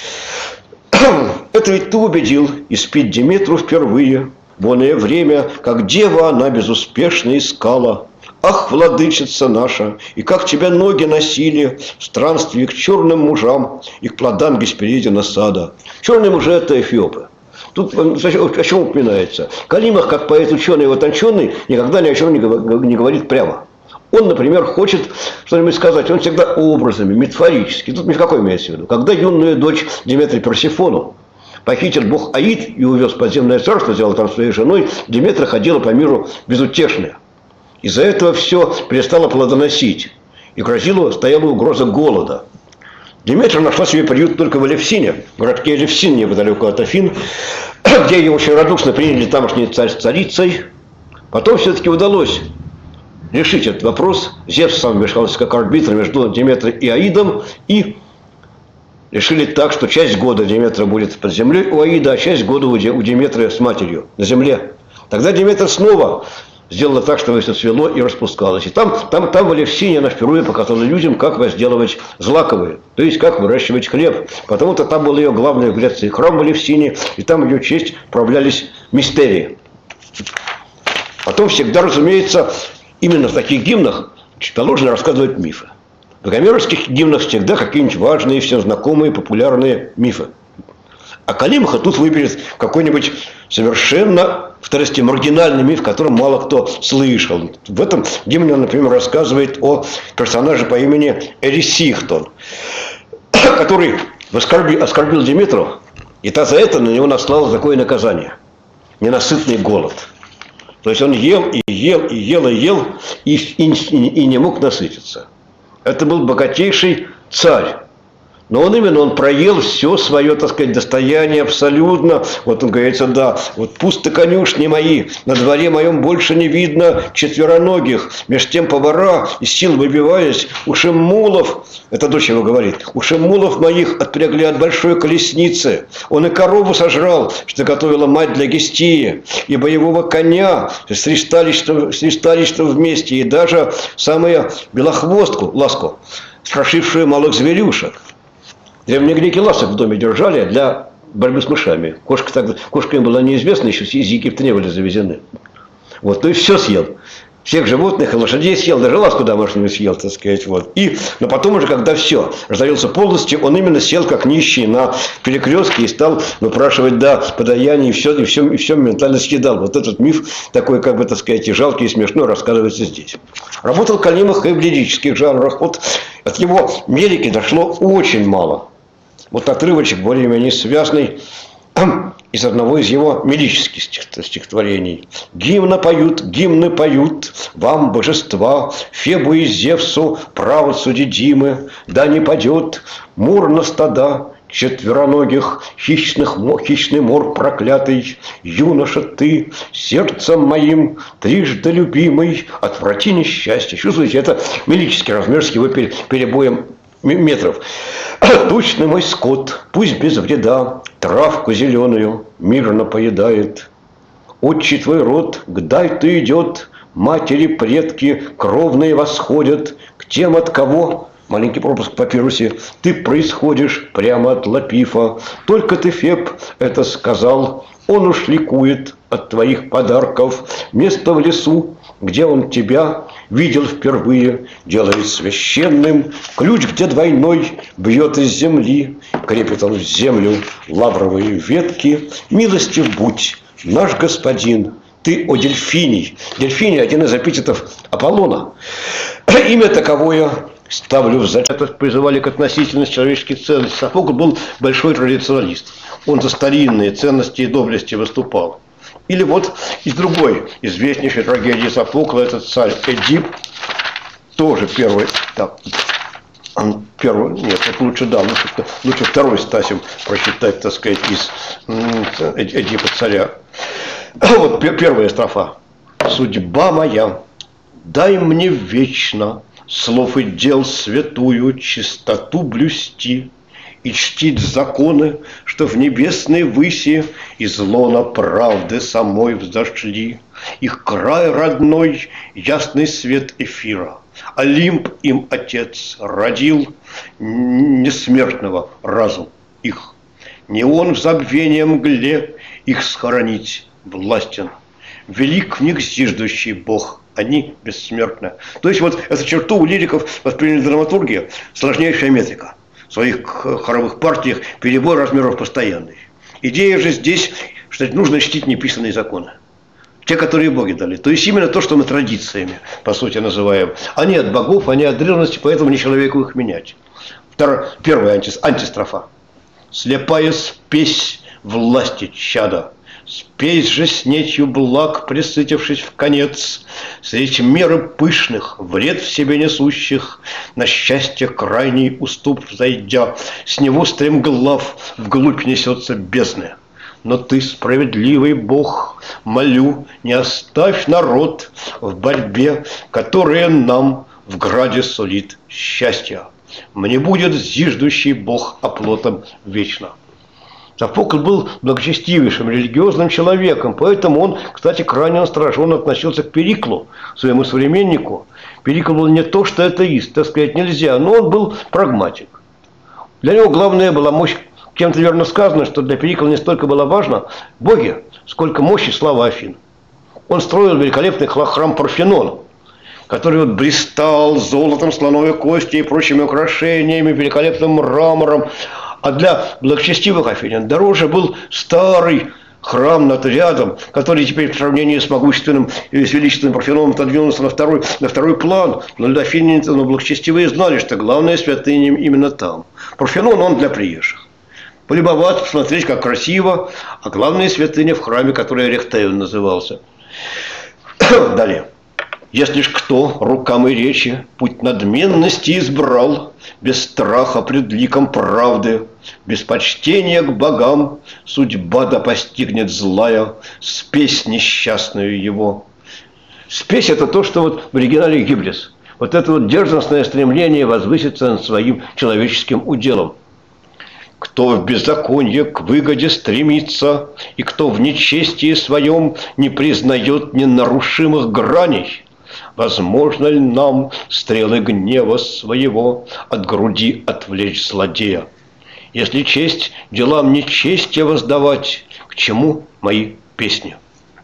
Это ведь ты убедил испить Деметру впервые. В оное время, как дева она безуспешно искала. Ах, владычица наша, и как тебя ноги носили в странстве к черным мужам и к плодам Гесперидина сада. Черные мужи – это эфиопы. Тут о чем упоминается? Калимах, как поэт-ученый и утонченный, никогда ни о чем не говорит прямо. Он, например, хочет что-нибудь сказать, он всегда образами, метафорически. Тут ни в какой имеется в виду. Когда юную дочь Деметры Персифону похитил бог Аид и увез в подземное царство, сделал там своей женой, Деметра ходила по миру безутешная. Из-за этого все перестало плодоносить. И грозила, стояла угроза голода. Деметра нашла себе приют только в Элевсине, в городке Элевсин, неподалеку от Афин, где ее очень радушно приняли тамошней царицей. Потом все-таки удалось решить этот вопрос. Зевс сам вмешался как арбитр между Деметрой и Аидом. И решили так, что часть года Деметра будет под землей у Аида, а часть года у Деметры с матерью на земле. Тогда Деметра снова сделала так, чтобы все цвело и распускалось. И там в Элевсине она впервые показала людям, как возделывать злаковые, то есть как выращивать хлеб. Потому-то там был ее главный в Греции храм в Элевсине, и там в ее честь управлялись мистерии. Потом всегда, разумеется, именно в таких гимнах положено рассказывать мифы. В гомеровских гимнах всегда какие-нибудь важные, всем знакомые, популярные мифы. А Калимаха тут выберет какой-нибудь совершенно маргинальный миф, о котором мало кто слышал. В этом гимне он, например, рассказывает о персонаже по имени Эрисихтон, который оскорбил Деметру, и та за это на него наслала такое наказание – ненасытный голод. То есть он ел и ел, и ел, и ел, и не мог насытиться. Это был богатейший царь. Но он проел все свое, так сказать, достояние абсолютно. Вот он говорится, да, вот пусто конюшни мои, на дворе моем больше не видно четвероногих. Меж тем повара, из сил выбиваясь, уши мулов, это дочь его говорит, уши мулов моих отпрягли от большой колесницы. Он и корову сожрал, что готовила мать для Гестии, и боевого коня с ристалищем вместе, и даже самую белохвостку, ласку, страшившую малых зверюшек. Древние греки ласок в доме держали для борьбы с мышами. Кошка им была неизвестна, еще из Египта не были завезены. Вот, то есть все съел. Всех животных и лошадей съел, даже ласку домашнюю съел, так сказать. Вот. Но потом уже, когда все разорился полностью, он именно сел как нищий на перекрестке и стал выпрашивать, да, подаяние, и все моментально съедал. Вот этот миф такой, как бы, так сказать, и жалкий, и смешной, рассказывается здесь. Работал Калимах и в лирических жанрах. Вот от его лирики дошло очень мало. Вот отрывочек более-менее связанный из одного из его мелических стихотворений. Гимны поют вам, божества, Фебу и Зевсу, право судидимы, да не падет мур на стада четвероногих, хищный мор проклятый, юноша ты, сердцем моим трижды любимый, отврати несчастье. Чувствуете, это мелический размер с его перебоем метров. Тучный мой скот, пусть без вреда, травку зеленую мирно поедает. Отчий твой род к Дайту идет, матери, предки кровные восходят к тем, от кого, маленький пропуск в папирусе, ты происходишь прямо от Лапифа. Только ты, Феб, это сказал, он уж ликует от твоих подарков. Место в лесу, где он тебя видел впервые, делает священным. Ключ, где двойной, бьет из земли, крепит он в землю лавровые ветки. Милостив будь, наш господин, ты, о Дельфиний. Дельфиний – один из эпитетов Аполлона. Имя таковое ставлю в зачет. Призывали к относительности человеческих ценностей. Софокл был большой традиционалист. Он за старинные ценности и доблести выступал. Или вот из другой известнейшей трагедии Софокла, этот царь Эдип, тоже первый, да, Первый, нет, это лучше, да, лучше второй Стасим прочитать, так сказать, из Эдипа царя. Вот первая строфа. «Судьба моя, дай мне вечно слов и дел святую чистоту блюсти и чтить законы, что в небесной выси из лона правды самой взошли. Их край родной, ясный свет эфира, Олимп им Отец родил, несмертного разум их. Не он в забвении мгле их схоронить властен. Велик в них зиждущий Бог, они бессмертны». То есть вот эту черту у лириков восприняли драматургия, сложнейшая метрика. В своих хоровых партиях перебор размеров постоянный. Идея же здесь, что нужно чтить неписанные законы. Те, которые боги дали. То есть именно то, что мы традициями, по сути, называем. Они от богов, они от древности, поэтому не человеку их менять. Первая антистрофа. «Слепая спесь власти чада, спесь же с нечью благ, присытившись в конец, средь меры пышных, вред в себе несущих, на счастье крайний уступ взойдя, с него стремглав вглубь несется бездна. Но ты, справедливый Бог, молю, не оставь народ в борьбе, которая нам в граде сулит счастье. Мне будет зиждущий Бог оплотом вечно». Софокл был благочестивейшим религиозным человеком, поэтому он, кстати, крайне настороженно относился к Периклу, своему современнику. Перикл был не то, что атеист, так сказать, нельзя, но он был прагматик. Для него главная была мощь. Кем-то верно сказано, что для Перикла не столько было важно боги, сколько мощь и слава Афин. Он строил великолепный храм Парфенона, который вот блистал золотом, слоновой костью и прочими украшениями, великолепным мрамором. А для благочестивых афинян дороже был старый храм над рядом, который теперь в сравнении с могущественным и с величественным Парфеноном отодвинулся на второй план. Но для афинян, благочестивые знали, что главная святыня именно там. Парфенон он для приезжих. Полюбоваться, посмотреть, как красиво, а главная святыня в храме, который Эрехтеон назывался. Далее. «Если ж кто рукам и речи путь надменности избрал, без страха пред ликом правды, без почтения к богам, судьба да постигнет злая, спесь несчастную его». Спесь – это то, что вот в оригинале гиблис. Вот это вот дерзостное стремление возвыситься над своим человеческим уделом. «Кто в беззаконие к выгоде стремится, и кто в нечестии своем не признает ненарушимых граней, возможно ли нам стрелы гнева своего от груди отвлечь злодея? Если честь делам нечестия воздавать, к чему мои песни?»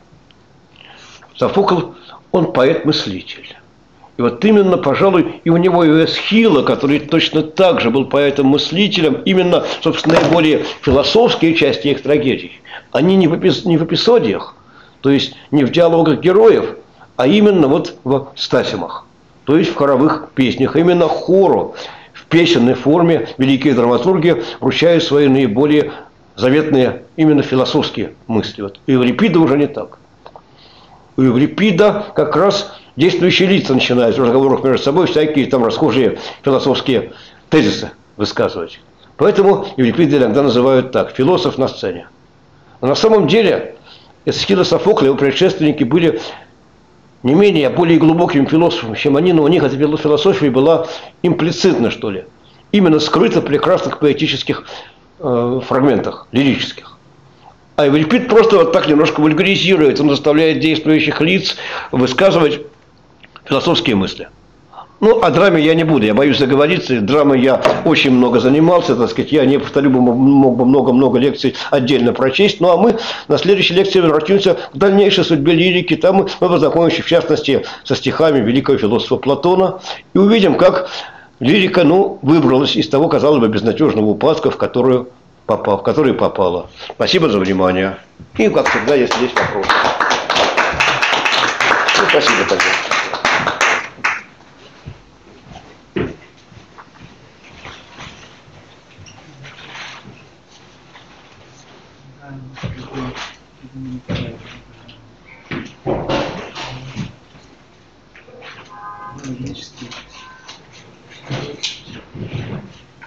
Софокл, он поэт-мыслитель. И вот именно, пожалуй, и у него и у Эсхила, который точно так же был поэтом-мыслителем, именно, собственно, наиболее философские части их трагедий, они не в эпизодиях, то есть не в диалогах героев, а именно вот в стасимах, то есть в хоровых песнях. Именно хору в песенной форме великие драматурги вручают свои наиболее заветные именно философские мысли. Вот у Еврипида уже не так. У Еврипида как раз действующие лица начинают в разговорах между собой всякие там расхожие философские тезисы высказывать. Поэтому Еврипида иногда называют так: философ на сцене. Но на самом деле Эсхил и Софокл, его предшественники, были не менее, а более глубокими философами, чем они, но у них эта философия была имплицитна, что ли. Именно скрыта в прекрасных поэтических фрагментах, лирических. А Еврипид просто вот так немножко вульгаризирует, он заставляет действующих лиц высказывать философские мысли. Ну, о драме я не буду, я боюсь заговориться. Драмой я очень много занимался, так сказать, я не повторю, мог бы много-много лекций отдельно прочесть. Ну, а мы на следующей лекции обратимся к дальнейшей судьбе лирики. Там мы познакомимся, в частности, со стихами великого философа Платона и увидим, как лирика, выбралась из того, казалось бы, безнадежного упадка, в который попала. Спасибо за внимание. И, как всегда, если есть вопросы. Спасибо тогда.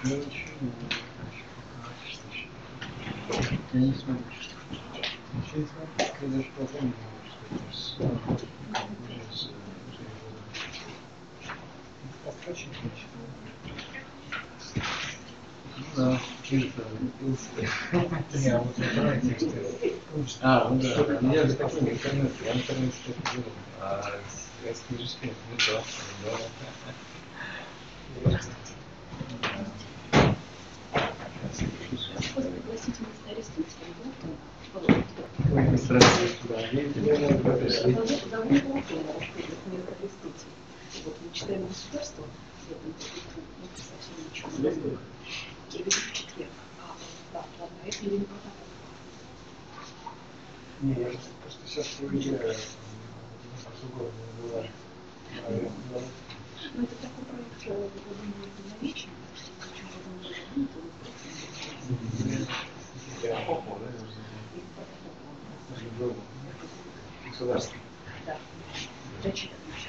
Я ничего не я не смотрю. Ничего не смотрю, я даже потом не могу сказать. Очень да, я вот это тексты. Ну да, я же такой в интернете, я в интернете что-то делаю. Я скажу, что это не то. Вот мы читаем государство, совсем ничего не знаю. Я веду в четверг. Да, ладно, это или не правда? Не, я просто сейчас проверяю, не бывает. Ну, это такой проект, я думаю, динамичный. Государство. Да. Зачитано сейчас.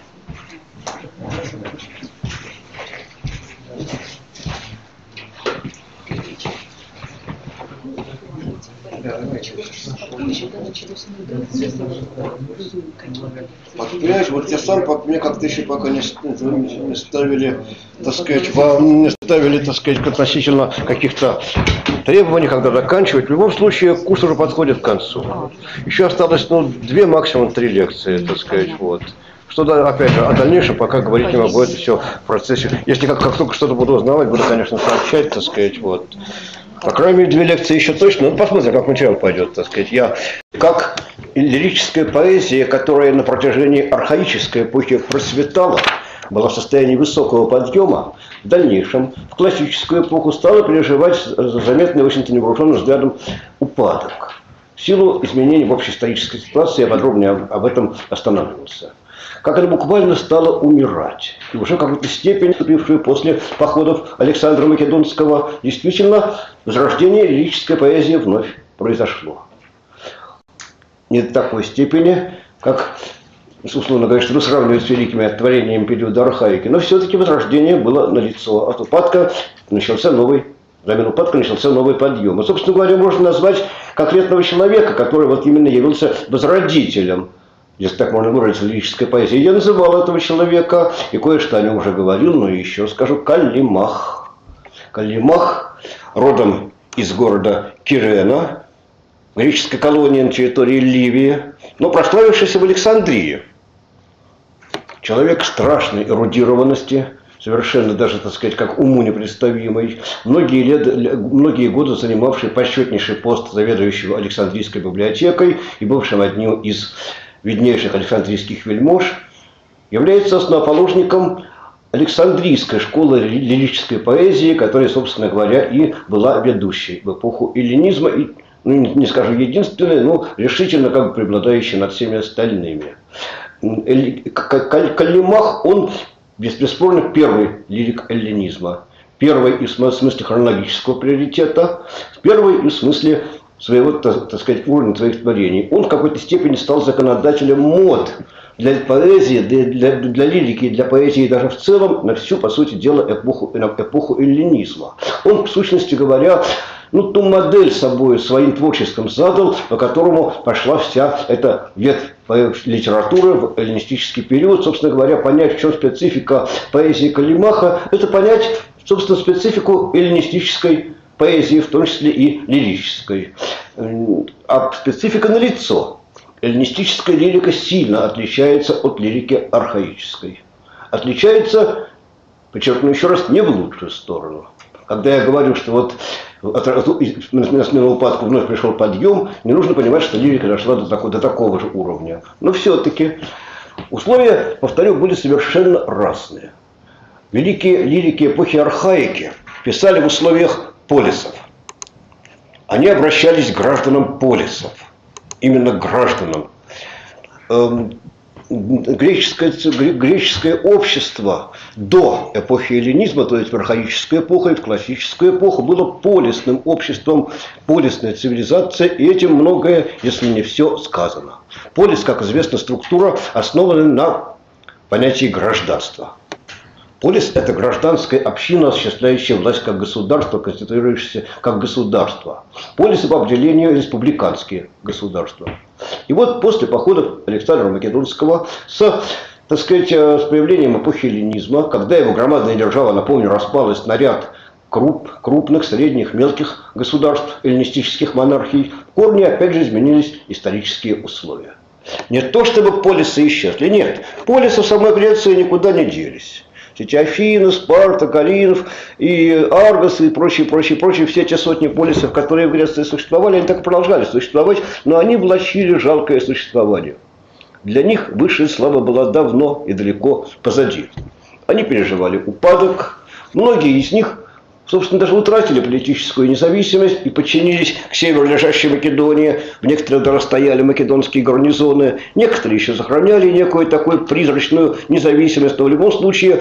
Понимаешь, вот я сам, мне как-то еще пока не ставили, так сказать, вам не ставили, так сказать, относительно каких-то требований, когда заканчивать. В любом случае, курс уже подходит к концу. Еще осталось, 2, максимум 3 лекции, так сказать, вот. Что, опять же, о дальнейшем пока говорить не могу, это все в процессе. Если как только что-то буду узнавать, буду, конечно, сообщать, так сказать, вот. По крайней мере, 2 лекции еще точно. Посмотрим, как материал пойдет, так сказать. Я, как лирическая поэзия, которая на протяжении архаической эпохи процветала, была в состоянии высокого подъема, в дальнейшем, в классическую эпоху, стала переживать заметный, в общем-то, невооруженным взглядом упадок. В силу изменений в общей исторической ситуации я подробнее об этом останавливался. Как это буквально стало умирать. И уже в какой-то степени, наступившую после походов Александра Македонского, действительно, возрождение лирической поэзии вновь произошло. Не до такой степени, как, условно говоря, что сравнивают с великими творениями периода архаики, но все-таки возрождение было налицо. От упадка начался новый, взамен упадка начался новый подъем. И, собственно говоря, можно назвать конкретного человека, который вот именно явился возродителем, если так можно выразиться, лирической поэзии. Я называл этого человека, и кое-что о нем уже говорил, но еще скажу, Каллимах. Каллимах, родом из города Кирена, греческой колонии на территории Ливии, но прославившийся в Александрии. Человек страшной эрудированности, совершенно даже, так сказать, как уму непредставимый, многие годы занимавший почетнейший пост заведующего Александрийской библиотекой и бывшим одним из виднейших александрийских вельмож, является основоположником Александрийской школы лирической поэзии, которая, собственно говоря, и была ведущей в эпоху эллинизма, и, не скажу единственной, но решительно как бы преобладающей над всеми остальными. Каллимах, он бесспорно первый лирик эллинизма, первый и в смысле хронологического приоритета, первый и в смысле своего, так сказать, уровня своих творений. Он в какой-то степени стал законодателем мод для поэзии, для лирики, для поэзии даже в целом, на всю, по сути дела, эпоху эллинизма. Он, в сущности говоря, ту модель собой своим творчеством задал, по которому пошла вся эта ветвь литературы в эллинистический период. Собственно говоря, понять, в чем специфика поэзии Каллимаха, это понять, собственно, специфику эллинистической поэзии, в том числе и лирической. А специфика налицо. Эллинистическая лирика сильно отличается от лирики архаической. Отличается, подчеркну еще раз, не в лучшую сторону. Когда я говорю, что вот на смену упадку вновь пришел подъем, не нужно понимать, что лирика дошла до такого же уровня. Но все-таки условия, повторю, были совершенно разные. Великие лирики эпохи архаики писали в условиях полисов. Они обращались к гражданам полисов. Именно к гражданам. Греческое общество до эпохи эллинизма, то есть в архаическую эпоху и в классическую эпоху, было полисным обществом, полисная цивилизация, и этим многое, если не все, сказано. Полис, как известно, структура, основанная на понятии гражданства. Полис – это гражданская община, осуществляющая власть как государство, конституирующееся как государство. Полисы по определению республиканские государства. И вот после походов Александра Македонского так сказать, с появлением эпохи эллинизма, когда его громадная держава, напомню, распалась на ряд крупных, средних, мелких государств, эллинистических монархий, в корне опять же изменились исторические условия. Не то чтобы полисы исчезли, нет, полисы в самой Греции никуда не делись. Эти Афины, Спарта, Калинов и Аргос и прочие, все те сотни полисов, которые в Греции существовали, они так и продолжали существовать, но они влачили жалкое существование. Для них высшая слава была давно и далеко позади. Они переживали упадок, многие из них, собственно, даже утратили политическую независимость и подчинились к северу лежащей Македонии. В некоторых даже стояли македонские гарнизоны. Некоторые еще сохраняли некую такую призрачную независимость. Но в любом случае,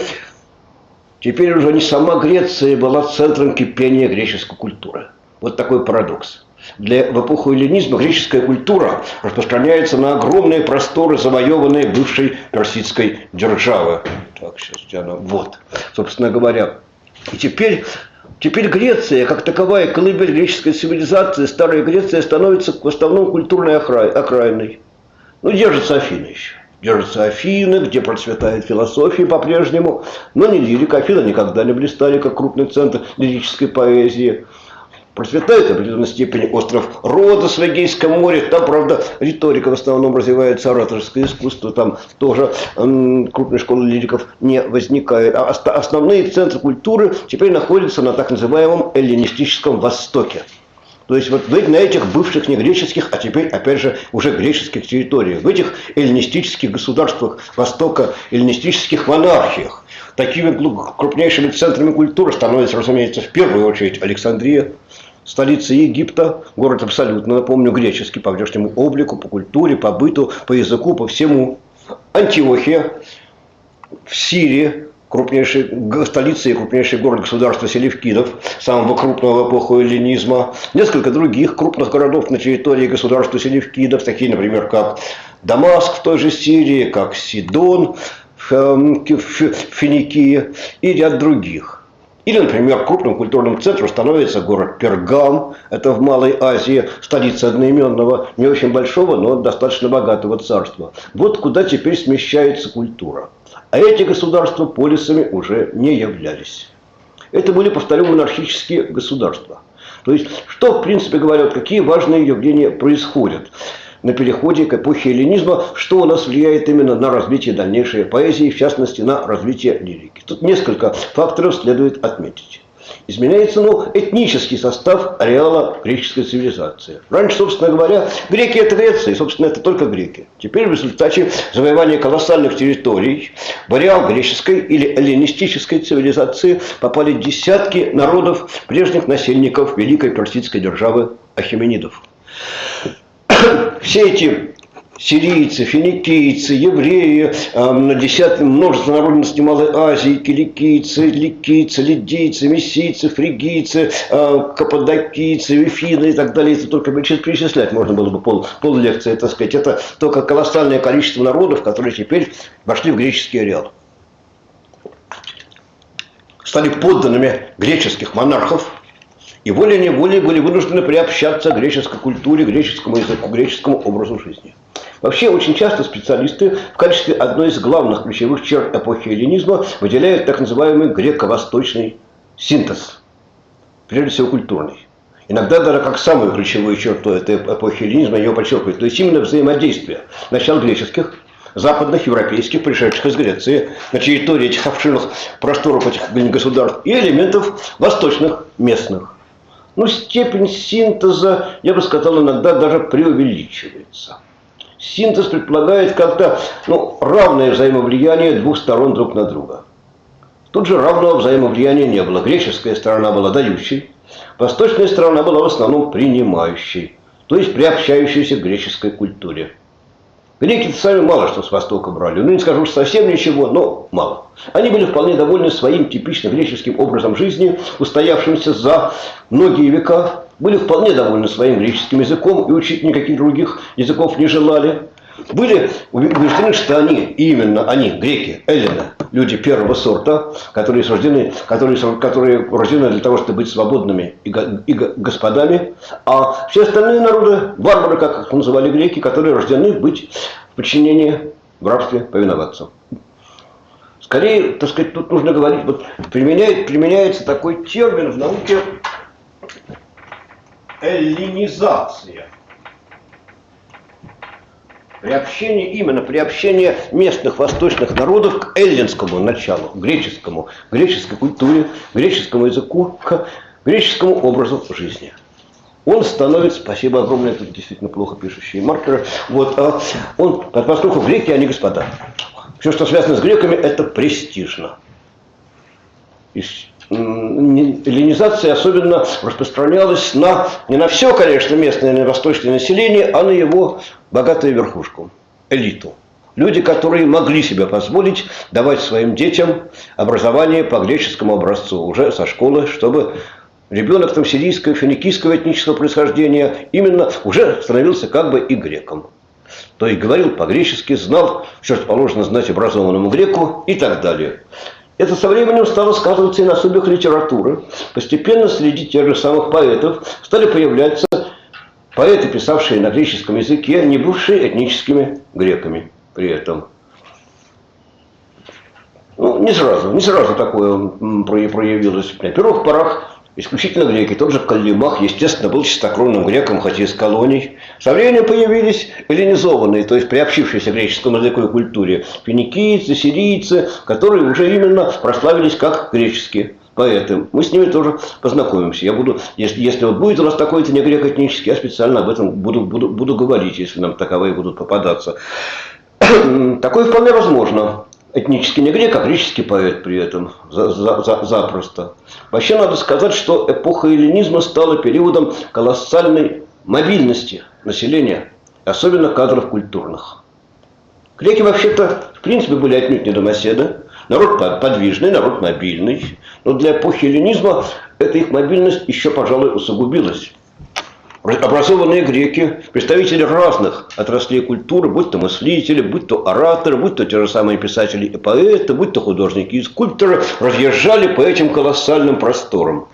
теперь уже не сама Греция была центром кипения греческой культуры. Вот такой парадокс. В эпоху эллинизма греческая культура распространяется на огромные просторы, завоеванные бывшей персидской державы. Так, сейчас вот, собственно говоря. И теперь Греция, как таковая колыбель греческой цивилизации, старая Греция становится в основном культурной окраиной. Ну, держатся Афины еще. Держатся Афины, где процветает философия по-прежнему, но не лирика. Афины никогда не блистали, как крупный центр лирической поэзии. Процветает в определенной степени остров Родос в Эгейском море. Там, правда, риторика в основном развивается, ораторское искусство. Там тоже крупной школы лириков не возникает. А основные центры культуры теперь находятся на так называемом эллинистическом Востоке. То есть вот на этих бывших не греческих, а теперь, опять же, уже греческих территориях. В этих эллинистических государствах Востока, эллинистических монархиях. Такими крупнейшими центрами культуры становится, разумеется, в первую очередь Александрия, столица Египта, город абсолютно, напомню, греческий по внешнему облику, по культуре, по быту, по языку, по всему. Антиохия в Сирии, столица и крупнейший город государства селевкидов, самого крупного в эпоху эллинизма. Несколько других крупных городов на территории государства селевкидов, такие, например, как Дамаск в той же Сирии, как Сидон в Финикии и ряд других. Или, например, крупным культурным центром становится город Пергам, это в Малой Азии, столица одноименного, не очень большого, но достаточно богатого царства. Вот куда теперь смещается культура. А эти государства полисами уже не являлись. Это были, повторю, монархические государства. То есть, что, в принципе говоря, какие важные явления происходят на переходе к эпохе эллинизма, что у нас влияет именно на развитие дальнейшей поэзии, в частности, на развитие лирики. Тут несколько факторов следует отметить. Изменяется этнический состав ареала греческой цивилизации. Раньше, собственно говоря, греки – это Греция, и, собственно, это только греки. Теперь в результате завоевания колоссальных территорий в ареал греческой или эллинистической цивилизации попали десятки народов, прежних насельников великой персидской державы ахеменидов. Все эти сирийцы, финикийцы, евреи, множество народностей Малой Азии, киликийцы, ликийцы, лидийцы, мессийцы, фригийцы, каппадокийцы, вифины и так далее. Это только перечислять можно было бы пол лекции, так сказать. Это только колоссальное количество народов, которые теперь вошли в греческий ареал. Стали подданными греческих монархов. И волей-неволей были вынуждены приобщаться к греческой культуре, греческому языку, греческому образу жизни. Вообще, очень часто специалисты в качестве одной из главных ключевых черт эпохи эллинизма выделяют так называемый греко-восточный синтез, прежде всего культурный. Иногда даже как самую ключевую черту этой эпохи эллинизма ее подчеркивают. То есть именно взаимодействие начал греческих, западных, европейских, пришедших из Греции, на территории этих обширных просторов этих государств, и элементов восточных, местных. Ну, степень синтеза, я бы сказал, иногда даже преувеличивается. Синтез предполагает как-то равное взаимовлияние двух сторон друг на друга. Тут же равного взаимовлияния не было. Греческая сторона была дающей, восточная сторона была в основном принимающей, то есть приобщающейся к греческой культуре. Греки-то сами мало что с Востока брали. Ну, не скажу, что совсем ничего, но мало. Они были вполне довольны своим типично греческим образом жизни, устоявшимся за многие века. Были вполне довольны своим греческим языком и учить никаких других языков не желали. Были убеждены, что они, именно они, греки, эллины, люди первого сорта, которые рождены для того, чтобы быть свободными и господами, а все остальные народы, варвары, как их называли греки, которые рождены быть в подчинении, в рабстве, повиноваться. Скорее, так сказать, тут нужно говорить, вот применяется такой термин в науке эллинизация. Приобщение местных восточных народов к эллинскому началу, греческой культуре, греческому языку, к греческому образу жизни. Он становится, спасибо огромное, тут действительно плохо пишущие маркеры, поскольку греки, они господа. Все, что связано с греками, это престижно. Эллинизация особенно распространялась не на все, конечно, местное восточное население, а на его богатую верхушку, элиту. Люди, которые могли себе позволить давать своим детям образование по греческому образцу, уже со школы, чтобы ребенок там сирийского, финикийского этнического происхождения именно уже становился как бы и греком. То есть говорил по-гречески, знал все, что положено знать образованному греку и так далее. Это со временем стало сказываться и на судьбах литературы. Постепенно среди тех же самых поэтов стали появляться поэты, писавшие на греческом языке, не бывшие этническими греками при этом. Не сразу такое проявилось. На первых порах исключительно греки. Тот же Каллимах, естественно, был чистокровным греком, хотя из колоний. Со временем появились эллинизованные, то есть приобщившиеся к греческому языку и культуре, финикийцы, сирийцы, которые уже именно прославились как греческие поэты. Мы с ними тоже познакомимся. Я буду, если вот будет у нас такой-то не грек этнический, я специально об этом буду говорить, если нам таковые будут попадаться. Такое вполне возможно. Этнически не грек, а греческий поэт при этом запросто. Вообще надо сказать, что эпоха эллинизма стала периодом колоссальной мобильности населения, особенно кадров культурных. Греки вообще-то в принципе были отнюдь не домоседы, народ подвижный, народ мобильный, но для эпохи эллинизма эта их мобильность еще, пожалуй, усугубилась. Образованные греки, представители разных отраслей культуры, будь то мыслители, будь то ораторы, будь то те же самые писатели и поэты, будь то художники и скульпторы, разъезжали по этим колоссальным просторам.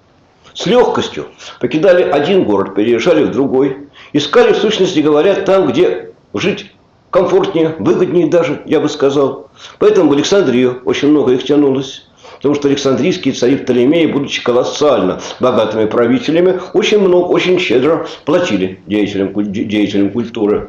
С легкостью покидали один город, переезжали в другой, искали, в сущности говоря, там, где жить комфортнее, выгоднее даже, я бы сказал. Поэтому в Александрию очень много их тянулось. Потому что Александрийские цари Птолемеи, будучи колоссально богатыми правителями, очень щедро платили деятелям культуры.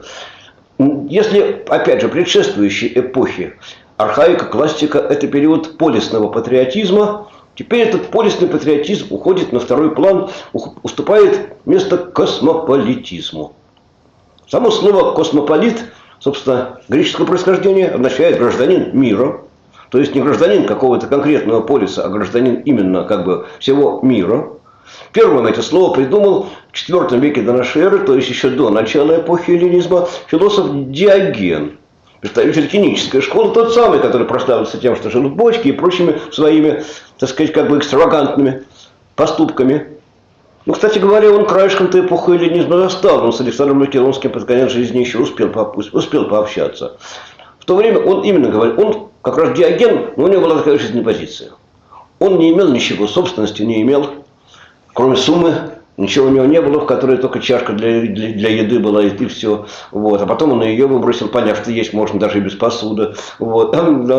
Если, опять же, предшествующей эпохи архаика, классика – это период полисного патриотизма, теперь этот полисный патриотизм уходит на второй план, уступает место космополитизму. Само слово «космополит», собственно, греческого происхождения, означает «гражданин мира». То есть не гражданин какого-то конкретного полиса, а гражданин именно как бы всего мира. Первым это слово придумал в IV веке до нашей эры, то есть еще до начала эпохи эллинизма, философ Диоген, представитель кинической школы, тот самый, который прославился тем, что жил в бочке и прочими своими, так сказать, как бы экстравагантными поступками. Кстати говоря, он краешком-то эпоху эллинизма застал, он с Александром Македонским под конец жизни еще успел пообщаться. В то время он именно говорил, он как раз Диоген, но у него была такая жизненная позиция. Он не имел ничего, собственности не имел, кроме суммы, ничего у него не было, в которой только чашка для еды была, и все. Вот. А потом он ее выбросил, поняв, что есть можно даже и без посуды. Вот.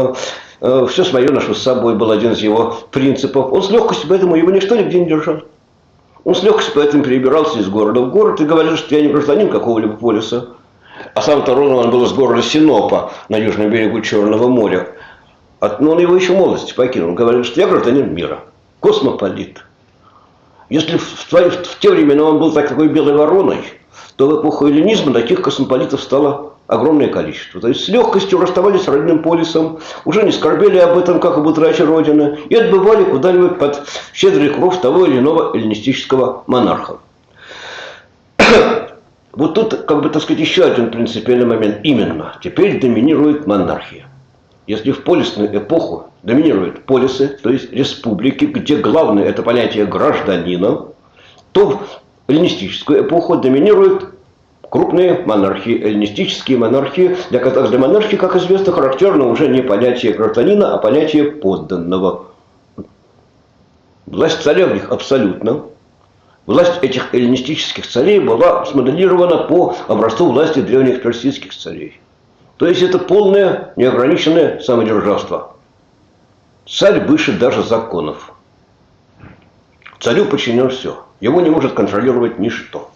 Все свое ношу с собой был один из его принципов. Он с легкостью, поэтому его ничто нигде не держал. Он с легкостью поэтому перебирался из города в город и говорил, что я не гражданин какого-либо полиса. А сам-то родом он был из города Синопа на южном берегу Черного моря. Но он его еще в молодости покинул. Он говорил, что я гражданин мира, космополит. Если в те времена он был такой белой вороной, то в эпоху эллинизма таких космополитов стало огромное количество. То есть с легкостью расставались с родным полисом, уже не скорбели об этом, как об утрате Родины, и отбывали куда-нибудь под щедрый кров того или иного эллинистического монарха. Вот тут, как бы, так сказать, еще один принципиальный момент. Именно, теперь доминирует монархия. Если в полисную эпоху доминируют полисы, то есть республики, где главное это понятие гражданина, то в эллинистическую эпоху доминирует крупные монархии, эллинистические монархии, для которых для монархии, как известно, характерно уже не понятие гражданина, а понятие подданного. Власть царя в них абсолютно. Власть этих эллинистических царей была смоделирована по образцу власти древних персидских царей. То есть это полное неограниченное самодержавство. Царь выше даже законов. Царю подчинено все. Его не может контролировать ничто.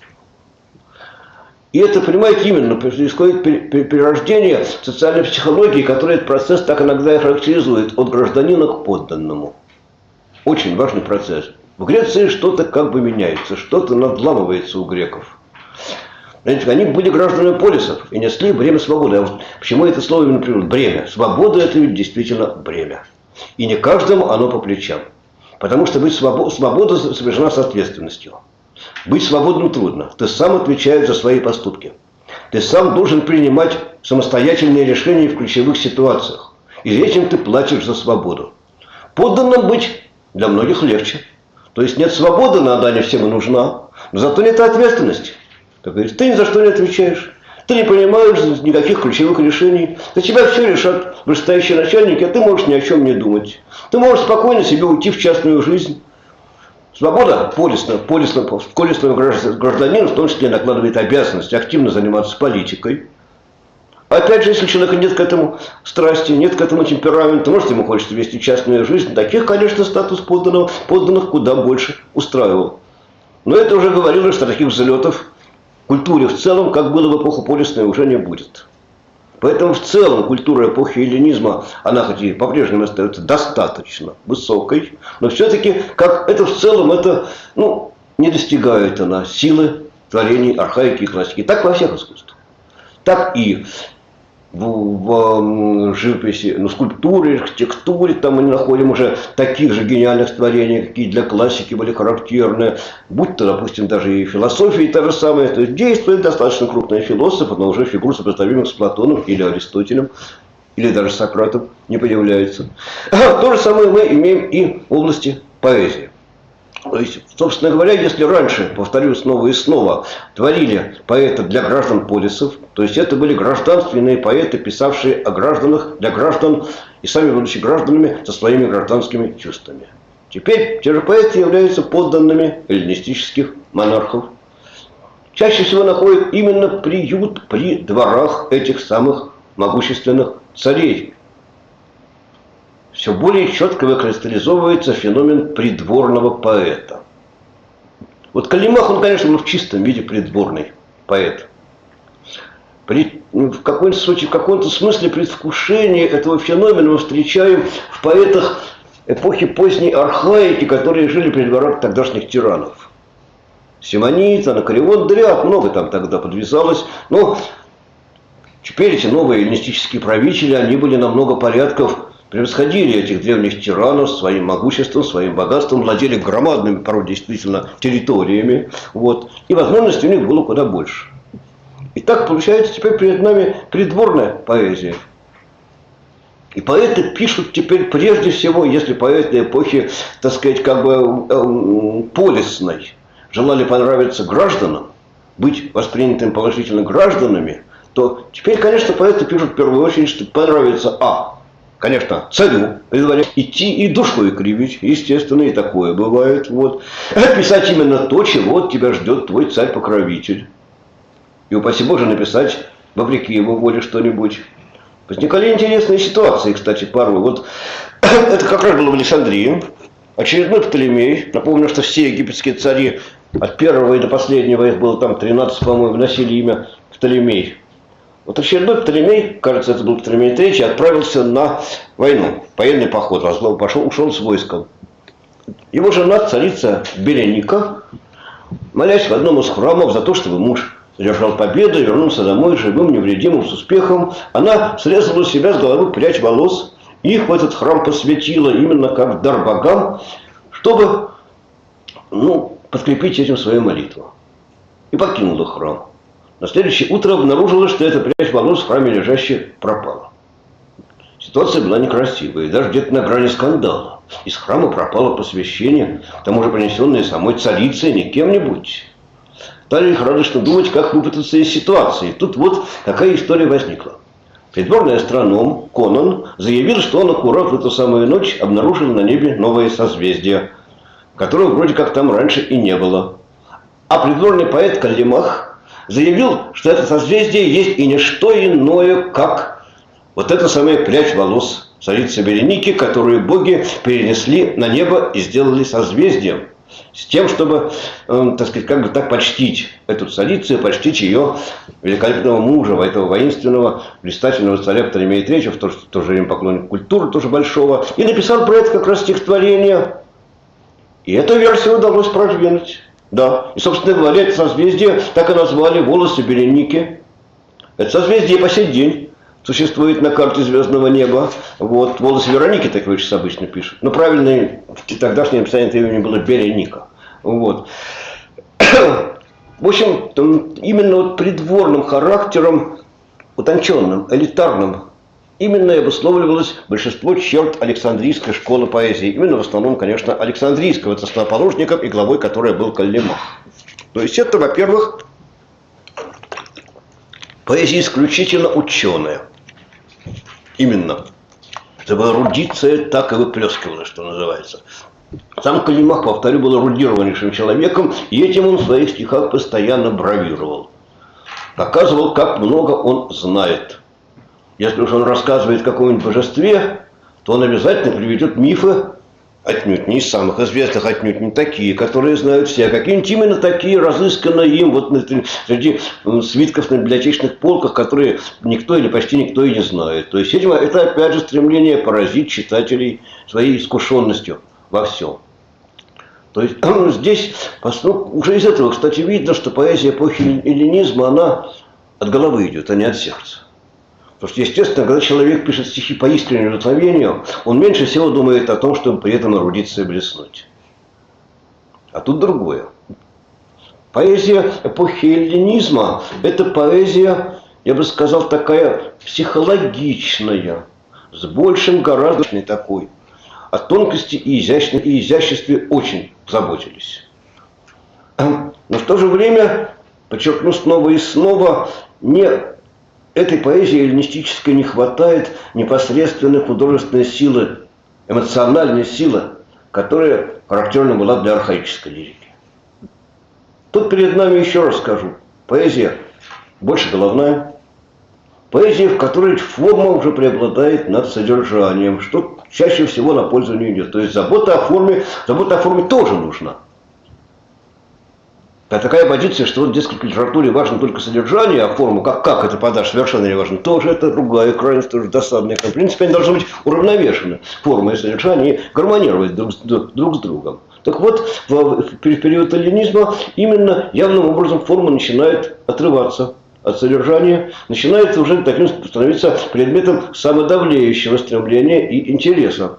И это, понимаете, именно происходит перерождение социальной психологии, которая этот процесс так иногда и характеризует, от гражданина к подданному. Очень важный процесс. В Греции что-то как бы меняется, что-то надламывается у греков. Знаете, они были гражданами полисов и несли бремя свободы. А вот почему это слово именно приводит? Бремя. Свобода – это ведь действительно бремя. И не каждому оно по плечам. Потому что быть свобода сопряжена с ответственностью. Быть свободным трудно. Ты сам отвечаешь за свои поступки. Ты сам должен принимать самостоятельные решения в ключевых ситуациях. И этим ты платишь за свободу. Подданным быть для многих легче. То есть нет свободы, она не всем и нужна. Но зато нет ответственности. Как говорится, ты ни за что не отвечаешь. Ты не принимаешь никаких ключевых решений. За тебя все решат вышестоящие начальники, а ты можешь ни о чем не думать. Ты можешь спокойно себе уйти в частную жизнь. Свобода полисного гражданина в том числе накладывает обязанность активно заниматься политикой. Опять же, если у человека нет к этому страсти, нет к этому темперамента, может, ему хочется вести частную жизнь, таких, конечно, статус подданных куда больше устраивал. Но это уже говорилось, что таких взлетов в культуре в целом, как было в эпоху полисной, уже не будет. Поэтому в целом культура эпохи эллинизма, она хоть и по-прежнему остается достаточно высокой, но все-таки, как это в целом, это, не достигает она силы творений архаики и классики. Так во всех искусствах. Так и в живописи, скульптуре, архитектуре, там мы не находим уже таких же гениальных творений, какие для классики были характерны, будь то, допустим, даже и философия та же самая, то есть действует достаточно крупный философ, но уже фигур, сопоставимых с Платоном или Аристотелем, или даже Сократом не появляется. То же самое мы имеем и в области поэзии. То есть, собственно говоря, если раньше, повторю снова и снова, творили поэты для граждан полисов, то есть это были гражданственные поэты, писавшие о гражданах, для граждан и сами будучи гражданами со своими гражданскими чувствами. Теперь те же поэты являются подданными эллинистических монархов. Чаще всего находят именно приют при дворах этих самых могущественных царей. Все более четко выкристаллизовывается феномен придворного поэта. Вот Каллимах, он, конечно, был в чистом виде придворный поэт. В каком-то смысле предвкушение этого феномена мы встречаем в поэтах эпохи поздней архаики, которые жили при дворах тогдашних тиранов. Симонид, Анакреон, да ряд, много там тогда подвязалось. Но теперь эти новые эллинистические правители, они были на много порядков превосходили этих древних тиранов своим могуществом, своим богатством, владели громадными, порой действительно, территориями. И возможностей у них было куда больше. И так получается теперь перед нами придворная поэзия. И поэты пишут теперь прежде всего, если поэты эпохи, так сказать, как бы полисной желали понравиться гражданам, быть воспринятыми положительно гражданами, то теперь, конечно, поэты пишут в первую очередь, что понравится конечно, царю идти и душой кривить, естественно, и такое бывает. Писать именно то, чего от тебя ждет твой царь-покровитель. И упаси Боже написать, вопреки его воле, что-нибудь. Возникали интересные ситуации, кстати, порой. Это как раз было в Александрии. Очередной Птолемей. Напомню, что все египетские цари, от первого и до последнего, их было там 13, по-моему, носили имя Птолемей. Очередной Птолемей, кажется, это был Птолемей III, отправился на войну, военный поход, ушел с войском. Его жена, царица Береника, молясь в одном из храмов за то, чтобы муж одержал победу и вернулся домой живым, невредимым, с успехом, она срезала у себя с головы прядь волос и их в этот храм посвятила именно как дар богам, чтобы подкрепить этим свою молитву. И покинула храм. На следующее утро обнаружилось, что эта прядь волос в храме лежащая пропала. Ситуация была некрасивая, даже где-то на грани скандала. Из храма пропало посвящение, к тому же принесенное самой царицей, не кем-нибудь, стали лихорадочно думать, как выпутаться из ситуации. Тут вот какая история возникла. Придворный астроном Конан заявил, что он аккурат в эту самую ночь обнаружил на небе новое созвездие, которого вроде как там раньше и не было. А придворный поэт Каллимах заявил, что это созвездие есть и не что иное, как вот эта самая прядь волос царицы Береники, которую боги перенесли на небо и сделали созвездием. С тем, чтобы, так сказать, как бы так почтить эту царицу и почтить ее великолепного мужа, этого воинственного, блистательного царя Птолемея III, в то же время поклонник культуры, тоже большого, и написал про это как раз стихотворение. И эту версию удалось продвинуть. Да. И, собственно говоря, это созвездие так и назвали «Волосы Береники». Это созвездие по сей день существует на карте звездного неба. Вот. «Волосы Вероники», так его сейчас обычно пишут. Но правильное в тогдашнем написании имени было Береника. Вот. В общем, именно вот придворным характером, утонченным, элитарным, именно и обусловливалось большинство черт Александрийской школы поэзии. Именно в основном, конечно, Александрийского, это основоположником и главой которой был Каллимах. То есть это, во-первых, поэзия исключительно ученая. Именно. Чтобы эрудиция так и выплескивала, что называется. Сам Каллимах, повторю, был эрудированнейшим человеком, и этим он в своих стихах постоянно бравировал. Показывал, как много он знает. Если уж он рассказывает о каком-нибудь божестве, то он обязательно приведет мифы, отнюдь не из самых известных, отнюдь не такие, которые знают все, а какие-нибудь именно такие, разысканные им вот среди свитков на библиотечных полках, которые никто или почти никто и не знает. То есть это опять же стремление поразить читателей своей искушенностью во всем. То есть здесь уже из этого, кстати, видно, что поэзия эпохи эллинизма, она от головы идет, а не от сердца. Потому что, естественно, когда человек пишет стихи по искреннему удовлетворению, он меньше всего думает о том, чтобы при этом эрудиции блеснуть. А тут другое. Поэзия эпохи эллинизма – это поэзия, я бы сказал, такая психологичная, с большим гораздо такой. О тонкости и изяществе очень заботились. Но в то же время, подчеркну снова и снова, этой поэзии эллинистической не хватает непосредственной художественной силы, эмоциональной силы, которая характерна была для архаической лирики. Тут перед нами, еще раз скажу, поэзия больше головная, поэзия, в которой форма уже преобладает над содержанием, что чаще всего на пользу не идет. То есть забота о форме тоже нужна. А такая позиция, что вот, дескать, в литературе важно только содержание, а форму, как это подашь, совершенно не важно. Тоже это другая крайность, тоже досадная. В принципе, они должны быть уравновешены. Форма и содержание и гармонировать друг с другом. Так вот, в период эллинизма именно явным образом форма начинает отрываться от содержания, начинает уже таким становиться предметом самодавлеющего стремления и интереса.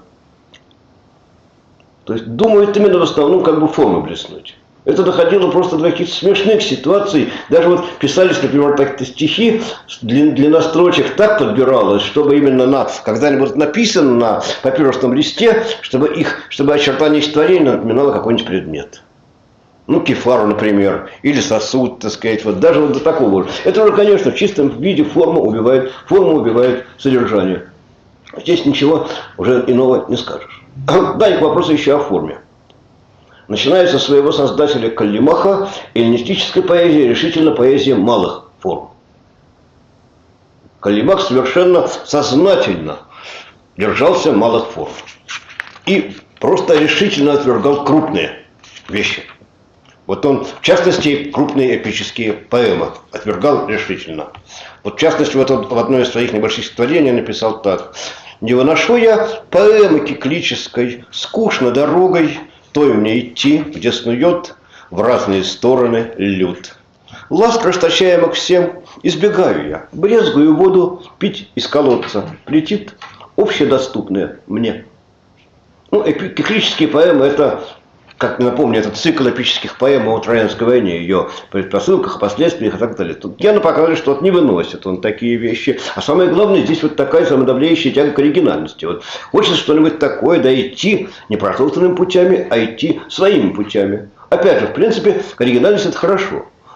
То есть думают именно в основном как бы формы блеснуть. Это доходило просто до каких-то смешных ситуаций. Даже вот писались, например, так-то стихи, длина строчек так подбиралась, чтобы именно когда они будут написаны на папирусном листе, чтобы очертание стихотворения напоминало какой-нибудь предмет. Ну, кефару, например, или сосуд, так сказать, вот даже вот до такого. Это уже, конечно, в чистом виде форма убивает содержание. Здесь ничего уже иного не скажешь. Да, и к вопросу еще о форме. Начиная со своего создателя Каллимаха, эллинистическая поэзия решительно поэзия малых форм. Каллимах совершенно сознательно держался малых форм. И просто решительно отвергал крупные вещи. Вот он, в частности, крупные эпические поэмы отвергал решительно. Вот, в частности, вот он в одной из своих небольших стихотворений написал так. «Не выношу я поэмы киклической, скучно дорогой, той мне идти, где снует в разные стороны люд. Ласк расточаемых всем избегаю я, брезгую воду пить из колодца, летит общедоступное мне». Ну, киклические поэмы – это, как напомню, это цикл эпических поэм о Троянской войне, ее предпосылках, последствиях и так далее. Тут Яна показывает, что вот не выносит он такие вещи. А самое главное, здесь вот такая самодавляющая тяга к оригинальности. Вот хочется что-нибудь такое, да идти не протоптанными путями, а идти своими путями. Опять же, в принципе, оригинальность – это хорошо.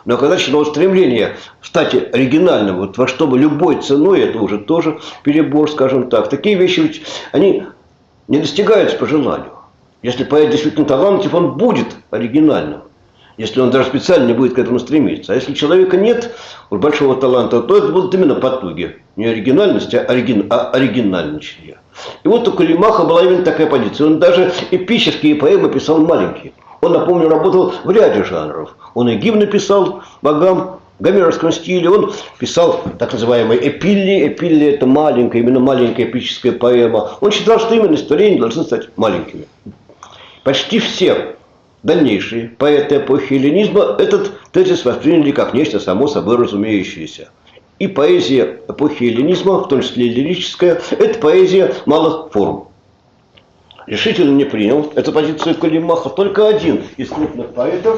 Но когда началось стремление стать оригинальным, вот во что бы любой ценой, это уже тоже перебор, скажем так. Такие вещи ведь, они не достигаются по желанию. Если поэт действительно талантлив, он будет оригинальным. Если он даже специально не будет к этому стремиться. А если у человека нет большого таланта, то это будут именно потуги. Не оригинальность, а оригинальничание. И вот у Калимаха была именно такая позиция. Он даже эпические поэмы писал маленькие. Он, напомню, работал в ряде жанров. Он и гимны писал богам в гомеровском стиле. Он писал так называемые эпилли. Эпилли – это маленькая, именно маленькая эпическая поэма. Он считал, что именно стихотворения должны стать маленькими. Почти все дальнейшие поэты эпохи эллинизма этот тезис восприняли как нечто само собой разумеющееся. И поэзия эпохи эллинизма, в том числе лирическая, это поэзия малых форм. Решительно не принял эту позицию Калимаха только один из крупных поэтов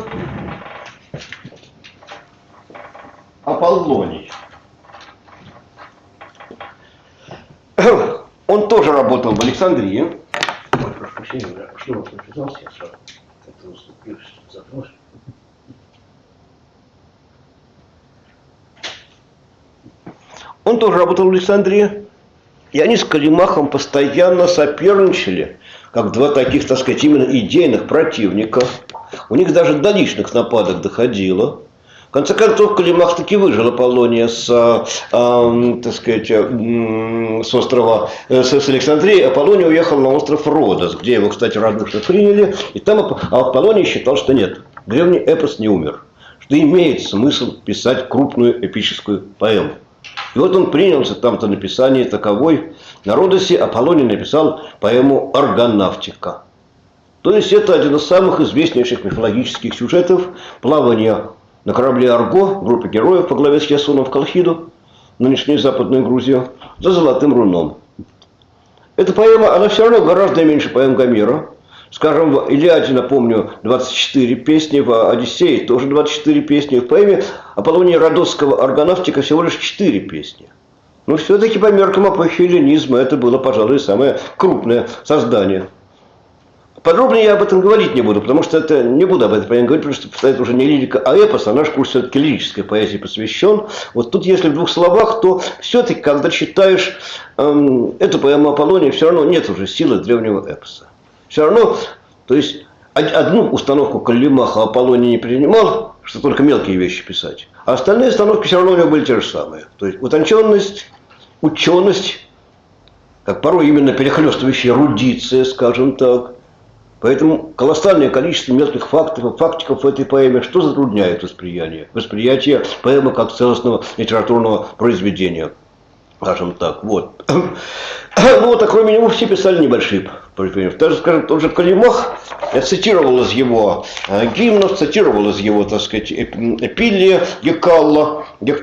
– Аполлоний. Он тоже работал в Александрии. Ой, прошу прощения, я снова подписался, я сразу как-то уступился, запнулся. Он тоже работал в Александрии. И они с Калимахом постоянно соперничали, как два таких, так сказать, именно идейных противника. У них даже до личных нападок доходило. В конце концов, Калимах таки выжил Аполлония с острова, с Александрии. Аполлоний уехал на остров Родос, где его, кстати, радушно приняли. И там Аполлоний считал, что нет, древний эпос не умер, что имеет смысл писать крупную эпическую поэму. И вот он принялся там-то написание таковой. На Родосе Аполлоний написал поэму «Аргонавтика». То есть это один из самых известнейших мифологических сюжетов плавания на корабле «Арго», группы героев по главе с Ясоном в Колхиду, нынешнюю Западную Грузию, за Золотым руном. Эта поэма, она все равно гораздо меньше поэм Гомера. Скажем, в «Илиаде», напомню, 24 песни, в «Одиссее» тоже 24 песни. В поэме Аполлония Родосского «Аргонавтика» всего лишь 4 песни. Но все-таки по меркам эпохи эллинизма это было, пожалуй, самое крупное создание. Подробнее я об этом говорить не буду, потому что это не буду об этом говорить, потому что это уже не лирика, а эпос, а наш курс все-таки лирической поэзии посвящен. Вот тут, если в двух словах, то все-таки, когда читаешь эту поэму Аполлония, все равно нет уже силы древнего эпоса. Все равно, то есть, одну установку Калимаха Аполлоний не принимал, что только мелкие вещи писать, а остальные установки все равно у него были те же самые. То есть, утонченность, ученость, как порой именно перехлестывающая эрудиция, скажем так. Поэтому колоссальное количество мелких фактов и фактиков в этой поэме, что затрудняет восприятие поэмы как целостного литературного произведения. Скажем так, вот. Ну вот, а кроме него все писали небольшие произведения. Даже, скажем, тот же Калимах, я цитировал из его гимнов, цитировал из его, так сказать, эпилия Гекала.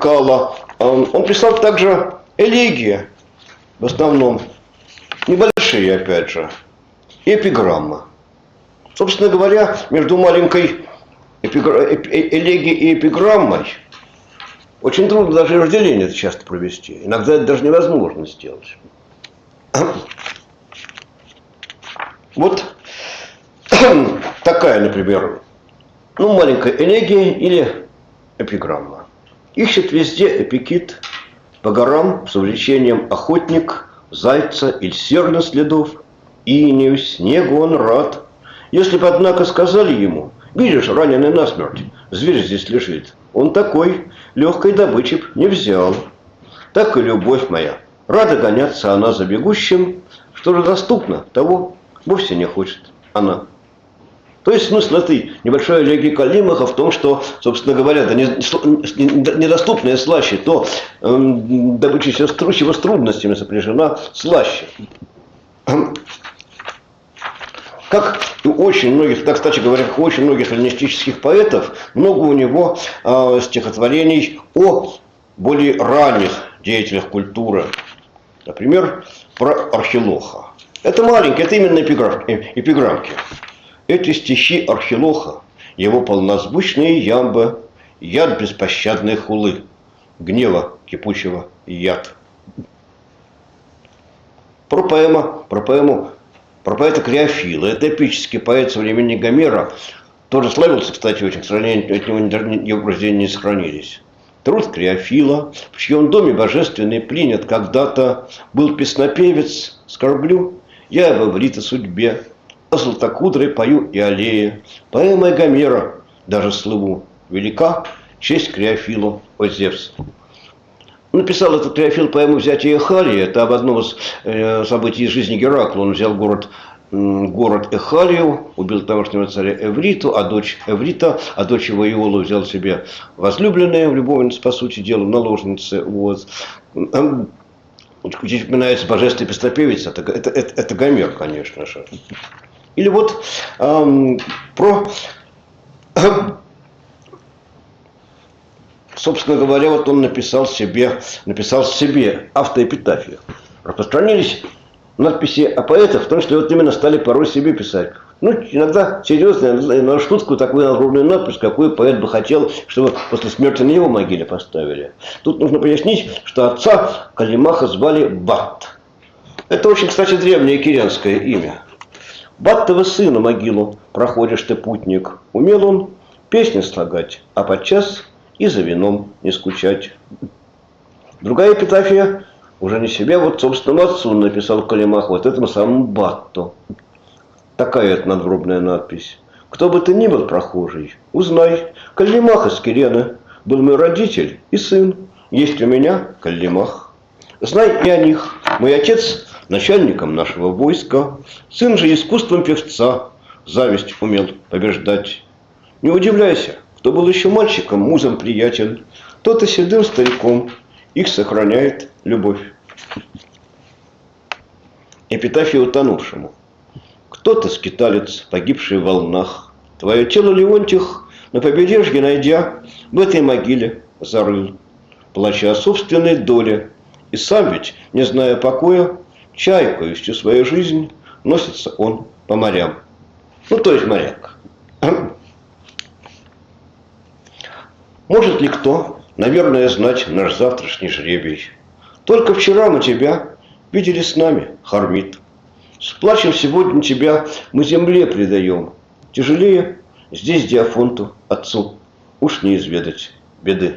Он писал также элегии, в основном, небольшие, опять же, и эпиграммы. Собственно говоря, между маленькой элегией и эпиграммой очень трудно даже разделение это часто провести. Иногда это даже невозможно сделать. Вот такая, например, маленькая элегия или эпиграмма. Ищет везде эпикит по горам с увлечением охотник, зайца или серна следов, инею, снегу он рад. Если бы, однако, сказали ему: видишь, раненый насмерть, зверь здесь лежит, он такой, легкой добычи не взял. Так и любовь моя, рада гоняться она за бегущим, что же доступно, того вовсе не хочет она. То есть смысл этой небольшой элегии Калимаха в том, что, собственно говоря, да недоступная слаще, то добыча чего с трудностями сопряжена слаще. Как у очень многих, так, кстати говоря, как у очень многих эллинистических поэтов, много у него стихотворений о более ранних деятелях культуры. Например, про Архилоха. Это маленькие, это именно эпиграммки. Эти стихи Архилоха, его полнозвучные ямбы, яд беспощадной хулы, гнева кипучего яд. Про поэта Креофила. Это эпический поэт со времени Гомера. тоже славился, кстати, очень, к сожалению, от него его произведения не сохранились. Труд Криофила, в чьем доме божественный принят когда-то был песнопевец, скорблю, я в Эврите судьбе, о златокудрой пою и аллее, поэмой Гомера даже слыву, велика честь Криофилу, о Зевс. Написал этот Криофил поэму «Взятие Эхалии», это об одном из событий из жизни Геракла. Он взял город Эхалию, убил тамошнего царя Эвриту, а дочь его Иолу взял себе возлюбленную, любовницу, по сути дела, наложницы. Вот. Здесь упоминается божественный песнопевец, это Гомер, конечно же. Или вот собственно говоря, вот он написал себе автоэпитафию. Распространились надписи о поэтах в том, что вот именно стали порой себе писать. Ну, иногда серьезно, на шутку такую надгробную надпись, какую поэт бы хотел, чтобы после смерти на его могиле поставили. Тут нужно пояснить, что отца Калимаха звали Бат. Это очень, кстати, древнее кирянское имя. Баттова сына могилу проходишь ты, путник. Умел он песни слагать, а подчас и за вином не скучать. Другая эпитафия уже не себе, вот собственному отцу написал Калимах, вот этому самому Батту. Такая это надгробная надпись. Кто бы ты ни был прохожий, узнай, Калимах из Кирена был мой родитель и сын. Есть у меня Калимах. Знай и о них. Мой отец начальником нашего войска, сын же искусством певца зависть умел побеждать. Не удивляйся, кто был еще мальчиком, музом приятель, тот и седым стариком их сохраняет любовь. Эпитафия утонувшему. Кто ты, скиталец, погибший в волнах? Твое тело Леонтих на побережье найдя, в этой могиле зарыл, плача о собственной доле. И сам ведь, не зная покоя, чайкою всю свою жизнь носится он по морям. Ну, то есть моряк. Может ли кто, наверное, знать наш завтрашний жребий? Только вчера мы тебя видели с нами, Хармит. С плачем сегодня тебя мы земле предаем. Тяжелее здесь Диафонту, отцу, уж не изведать беды.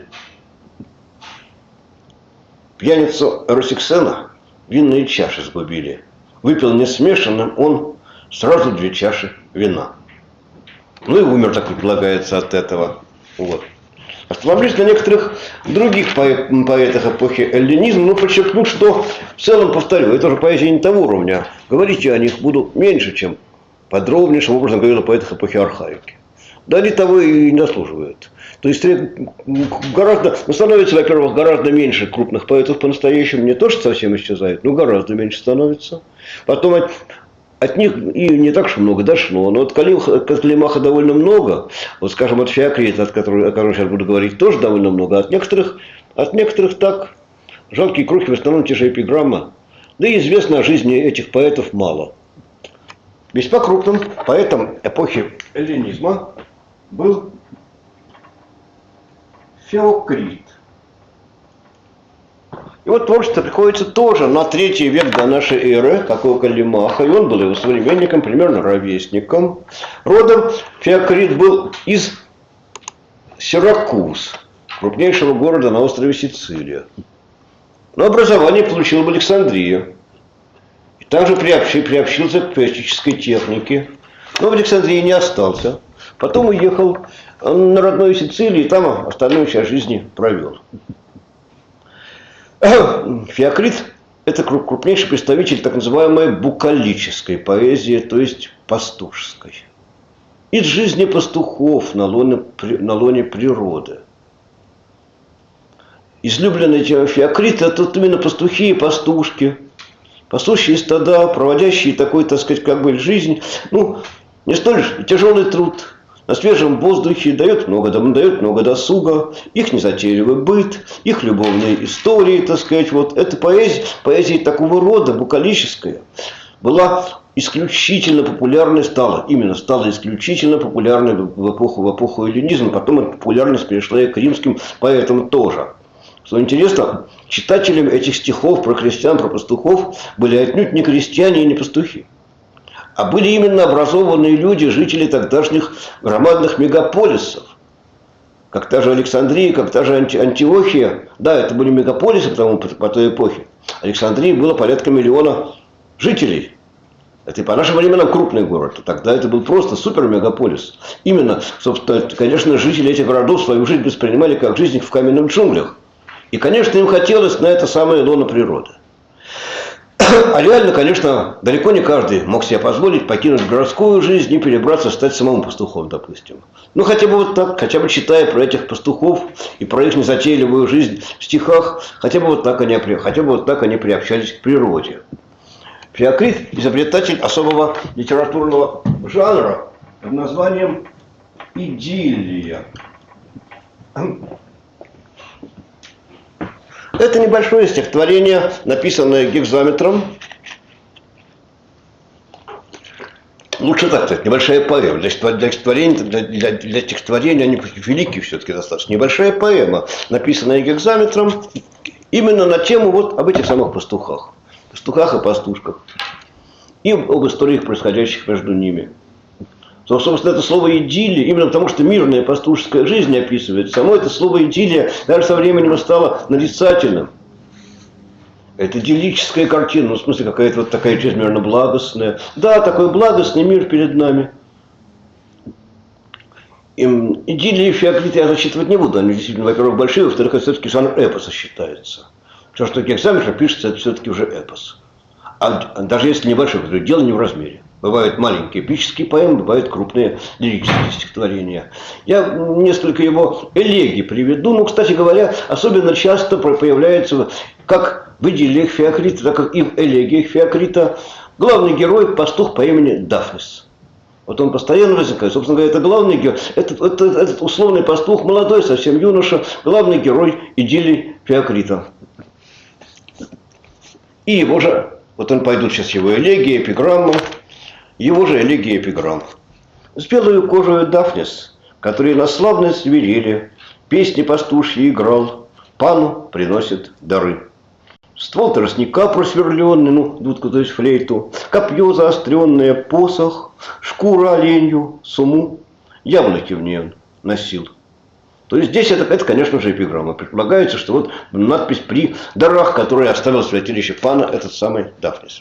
Пьяницу Росиксена винные чаши сгубили. Выпил несмешанным он сразу 2 чаши вина. Ну и умер, так предполагается, от этого. Вот. Остановлюсь на некоторых других поэтах эпохи эллинизма, но подчеркну, что в целом, повторю, это уже поэзия не того уровня. Говорить я о них буду меньше, чем подробнейшим образом говорил о поэтах эпохи архаики. Да они того и не заслуживают. То есть становится, во-первых, гораздо меньше крупных поэтов по-настоящему. Не то, что совсем исчезает, но гораздо меньше становится. Потом от них и не так уж много дошло. Но от Калимаха довольно много. Вот, скажем, от Феокрита, о котором сейчас буду говорить, тоже довольно много. От некоторых так. Жалкие крохи, в основном те же эпиграммы. Да и известно о жизни этих поэтов мало. Весьма крупным поэтом эпохи эллинизма был Феокрит. И вот творчество приходится тоже на 3 век до нашей эры, как у Калимаха, и он был его современником, примерно ровесником. Родом Феокрит был из Сиракуз, крупнейшего города на острове Сицилия. Но образование получил в Александрии. И также приобщился к поэтической технике. Но в Александрии не остался. Потом уехал на родную Сицилию и там остальную часть жизни провел. Феокрит – это крупнейший представитель так называемой букалической поэзии, то есть пастушеской. Из жизни пастухов на лоне природы. Излюбленный Феокрит – это именно пастухи и пастушки. Пастушьи стада, проводящие такой, так сказать, как бы жизнь, ну, не столь тяжелый труд. На свежем воздухе дает много досуга, их незатейливый быт, их любовные истории, так сказать. Вот эта поэзия такого рода, букалическая, была исключительно популярной, стала исключительно популярной в эпоху эллинизма, потом эта популярность перешла и к римским поэтам тоже. Что интересно, читателями этих стихов про крестьян, про пастухов были отнюдь не крестьяне и не пастухи, А были именно образованные люди, жители тогдашних громадных мегаполисов. Как та же Александрия, как та же Антиохия. Да, это были мегаполисы по той эпохе. Александрии было порядка 1 миллиона жителей. Это и по нашим временам крупный город. Тогда это был просто супер-мегаполис. Именно, собственно, конечно, жители этих городов свою жизнь воспринимали как жизнь в каменных джунглях. И, конечно, им хотелось на это самое лоно природы. А реально, конечно, далеко не каждый мог себе позволить покинуть городскую жизнь и перебраться, стать самому пастухом, допустим. Ну, хотя бы вот так, хотя бы читая про этих пастухов и про их незатейливую жизнь в стихах, хотя бы вот так они приобщались к природе. Феокрит – изобретатель особого литературного жанра под названием идиллия. Это небольшое стихотворение, написанное гекзаметром. Лучше так сказать, небольшая поэма. Для стихотворения они великие все-таки достаточно. Небольшая поэма, написанная гекзаметром, именно на тему вот об этих самых пастухах. Пастухах и пастушках. И об историях, происходящих между ними. Собственно, это слово «идиллия», именно потому что мирная пастушеская жизнь описывает, само это слово «идиллия» даже со временем стало нарицательным. Это идиллическая картина, ну, в смысле, какая-то вот такая чрезмерно благостная. Да, такой благостный мир перед нами. Идиллии Феокрита я зачитывать не буду, они действительно, во-первых, большие, во-вторых, это все-таки жанр эпоса считается. Все, что гекзаметр пишется, это все-таки уже эпос. А даже если небольшой, то дело не в размере. Бывают маленькие эпические поэмы, бывают крупные лирические стихотворения. Я несколько его элегий приведу. Ну, кстати говоря, особенно часто появляется, как в идиллиях Феокрита, так как и в элегиях Феокрита, главный герой – пастух по имени Дафнис. Вот он постоянно возникает. Собственно говоря, это главный герой. Этот условный пастух, молодой, совсем юноша, главный герой идиллии Феокрита. И его же, вот он пойдут сейчас его элегии, эпиграммы. Его же элегия эпиграмм. С белою кожею Дафнис, который на славной свирели, песни пастушьи играл, пану приносит дары. Ствол тростника просверленный, ну, дудку, то есть флейту, копье заостренное, посох, шкура оленью, суму, яблоки в ней он носил. То есть здесь это, конечно же, эпиграмма. Предполагается, что вот надпись при дарах, которые оставил в святилище пана этот самый Дафнис.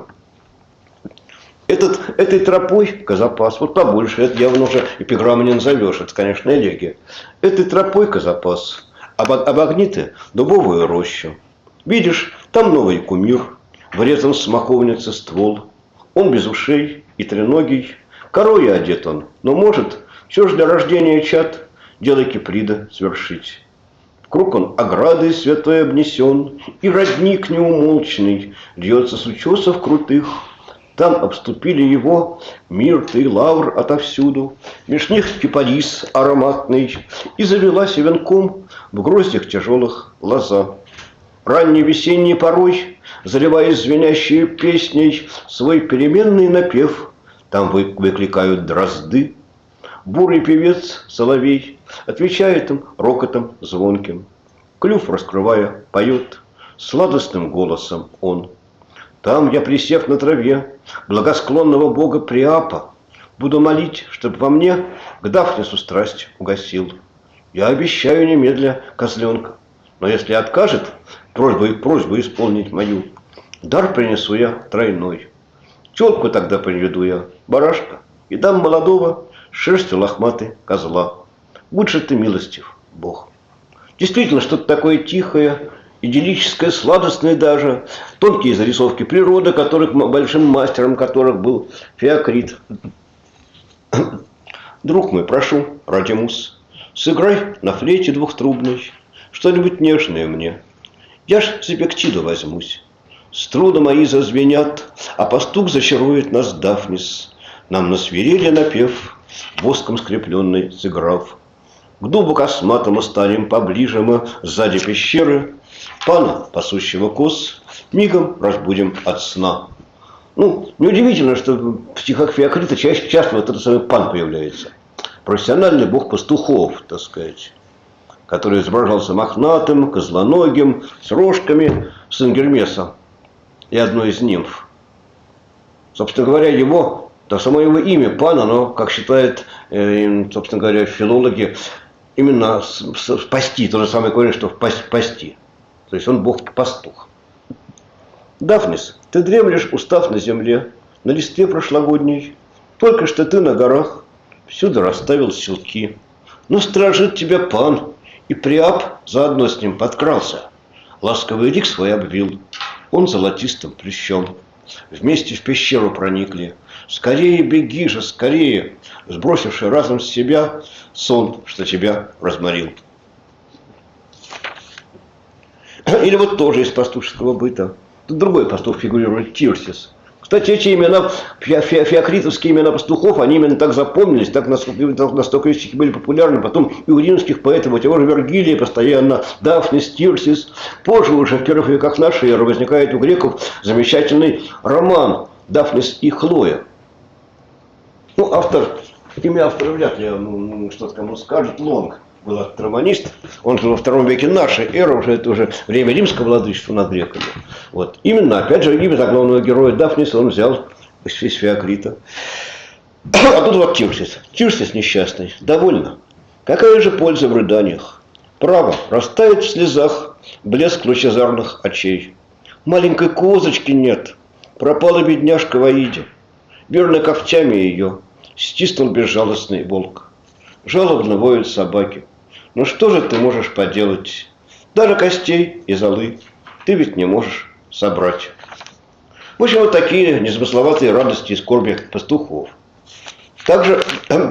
Этой тропой Казапас, вот побольше, это явно уже эпиграмму не назовешь, это, конечно, элегия. Этой тропой Казапас, обогни ты дубовую рощу. Видишь, там новый кумир, врезан в смоковнице ствол. Он без ушей и треногий, корою одет он, но может все же для рождения чад дело Киприда свершить. Вкруг он оградой святой обнесен, и родник неумолчный льется с утесов крутых. Там обступили его мирт и лавр отовсюду, меж них кипарис ароматный, и завелась венком в гроздях тяжелых лоза. Ранней весенней порой, заливаясь звенящей песней, свой переменный напев там выкликают дрозды. Бурый певец соловей отвечает им рокотом звонким. Клюв раскрывая, поет сладостным голосом он. Там я, присев на траве благосклонного бога Приапа, буду молить, чтоб во мне к Дафнису страсть угасил. Я обещаю немедля козленка, но если откажет просьбу исполнить мою, дар принесу я тройной. Тёлку тогда приведу я, барашка, и дам молодого шерстью лохматой козла. Будь же ты милостив, Бог. Действительно, что-то такое тихое, идиллическое, сладостное даже. Тонкие зарисовки природы, большим мастером которых был Феокрит. Друг мой, прошу, Радимус, сыграй на флейте двухтрубной что-нибудь нежное мне. Я ж себе к чиду возьмусь. Струны мои зазвенят, а пастух зачарует нас Дафнис. Нам насвирели напев, воском скрепленный сыграв. К дубу косматому станем поближе мы сзади пещеры. Пана, пасущего коз, мигом разбудим от сна. Ну, неудивительно, что в стихах Феокрита часто вот этот самый пан появляется. Профессиональный бог пастухов, так сказать, который изображался мохнатым, козлоногим, с рожками, сын Гермеса и одной из нимф. Собственно говоря, его, да, само его имя, пан, оно, как считают, собственно говоря, филологи, именно спасти, то же самое корень, что пасти. То есть он бог-пастух. Дафнис, ты дремлешь, устав на земле, на листве прошлогодней. Только что ты на горах всюду расставил селки. Но сторожит тебя пан, и Приап заодно с ним подкрался. Ласковый лик свой обвил, он золотистым плющом. Вместе в пещеру проникли. Скорее беги же, скорее, сбросивший разом с себя сон, что тебя разморил. Или вот тоже из пастушеского быта. Тут другой пастух фигурирует, Тирсис. Кстати, эти имена, феокритовские имена пастухов, они именно так запомнились, так настолько были популярны. Потом и у римских поэтов, у того же Вергилия постоянно, Дафнис, Тирсис. Позже, уже в первых веках нашей эры, возникает у греков замечательный роман «Дафнис и Хлоя». Ну, имя автора вряд ли что-то кому скажет, Лонг. Был романист, он жил во втором веке нашей эры, уже это уже время римского владычества над греками. Вот. Именно, опять же, имя главного героя Дафниса он взял из Феокрита. А тут вот Тирсис. Тирсис несчастный. Довольно. Какая же польза в рыданиях? Право, растает в слезах блеск лучезарных очей. Маленькой козочки нет. Пропала бедняжка в Аиде. Верно когтями ее стиснул безжалостный волк. Жалобно воют собаки. Ну что же ты можешь поделать? Даже костей и золы ты ведь не можешь собрать. В общем, вот такие незамысловатые радости и скорби пастухов. Также,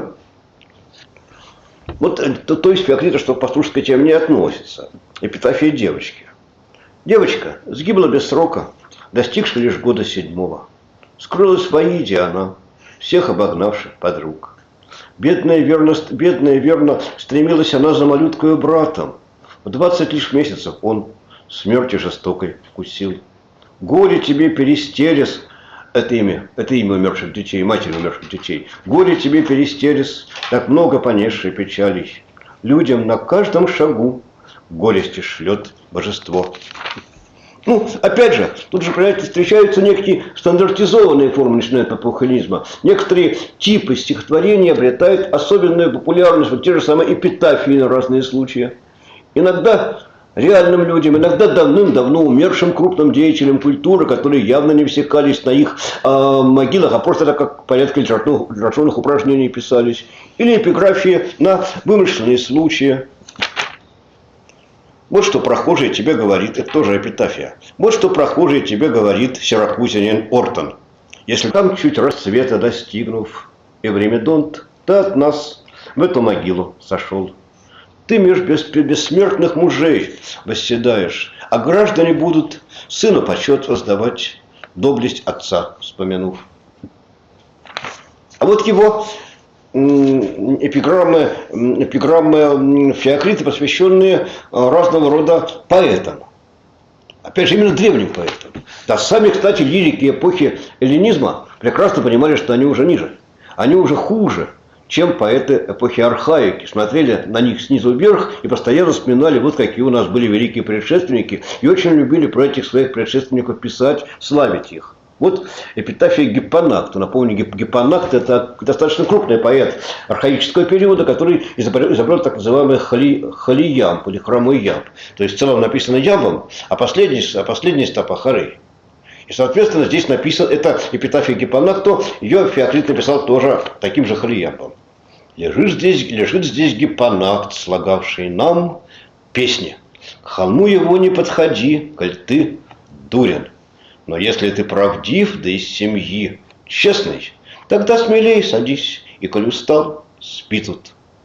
вот то есть Феокрита, что к пастушеской теме не относится. Эпитафия девочки. Девочка сгибла без срока, достигши лишь года 7-го. Скрылась в Аиде она, всех обогнавших подруг. Бедная верно стремилась она за малюткою братом. В 20 лишь месяцев он смерти жестокой вкусил. Горе тебе, Перистерис, это имя умерших детей, матери умерших детей. Горе тебе, Перистерис, так много понесшей печалей. Людям на каждом шагу горести шлет божество. Ну, опять же, тут же, понимаете, встречаются некие стандартизованные формы начинают апохализма. Некоторые типы стихотворений обретают особенную популярность, вот те же самые эпитафии на разные случаи. Иногда реальным людям, иногда давным-давно умершим крупным деятелям культуры, которые явно не всекались на их могилах, а просто так как порядка литературных упражнений писались. Или эпиграфии на вымышленные случаи. Вот что прохожий тебе говорит, это тоже эпитафия. Вот что прохожий тебе говорит сиракузянин Ортон. Если там чуть расцвета достигнув, Эвримедонт, ты от нас в эту могилу сошел. Ты меж бессмертных мужей восседаешь, а граждане будут сыну почет воздавать, доблесть отца вспомянув. А вот его эпиграммы Феокрита, посвященные разного рода поэтам. Опять же, именно древним поэтам. Да, сами, кстати, лирики эпохи эллинизма прекрасно понимали, что они уже ниже. Они уже хуже, чем поэты эпохи архаики. Смотрели на них снизу вверх и постоянно вспоминали, вот какие у нас были великие предшественники. И очень любили про этих своих предшественников писать, славить их. Вот эпитафия Гиппонакта. Напомню, Гиппонакт – это достаточно крупный поэт архаического периода, который изобрел так называемый холиямб или хромой ямб. То есть в целом написано ямбом, а последний стопа хорей. И, соответственно, здесь написано, это эпитафия Гиппонакту, ее Феокрит написал тоже таким же холиямбом. Лежит здесь Гиппонакт, слагавший нам песни. К холму его не подходи, коль ты дурен. Но если ты правдив, да из семьи честный, тогда смелее садись, и коль устал, спи тут.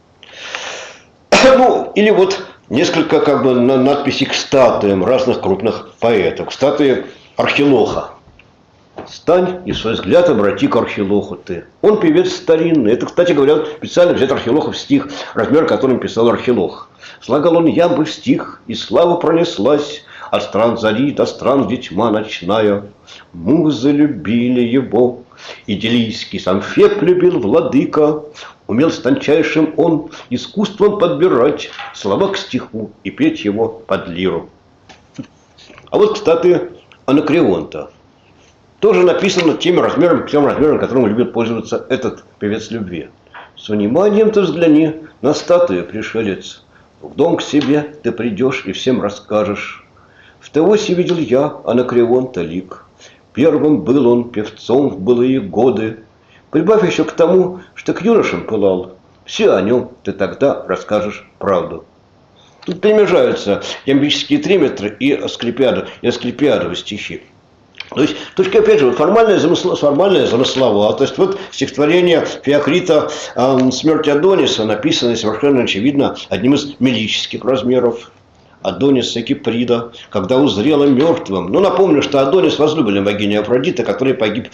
Ну, или вот несколько надписей к статуям разных крупных поэтов. К статуе Архилоха. Стань и свой взгляд обрати к Архилоху ты. Он певец старинный. Это, кстати говоря, специально взять Архилохов стих, размер которым писал Архилох. Слагал он ямбы в стих, и слава пронеслась. От стран зари до стран, где тьма ночная. Музы любили его. Иделийский сам Феб любил владыка. Умел с тончайшим он искусством подбирать слова к стиху и петь его под лиру. А вот, кстати, Анакреонта. тоже написано тем размером, которым любит пользоваться этот певец любви. С вниманием ты взгляни на статую, пришелец. В дом к себе ты придешь и всем расскажешь. В Теосе видел я Анакреонта лик. Первым был он певцом в былые годы. Прибавь еще к тому, что к юношам пылал. Все о нем ты тогда расскажешь правду. Тут перемежаются ямбические триметры и Асклепиадовы стихи. То есть, только опять же, формальная замысловая. То есть, вот стихотворение Феокрита «Смерть Адониса», написанное совершенно очевидно одним из мелических размеров. Адонис Киприда, когда узрела мертвым. Ну, напомню, что Адонис возлюбленный богини Афродиты, который погиб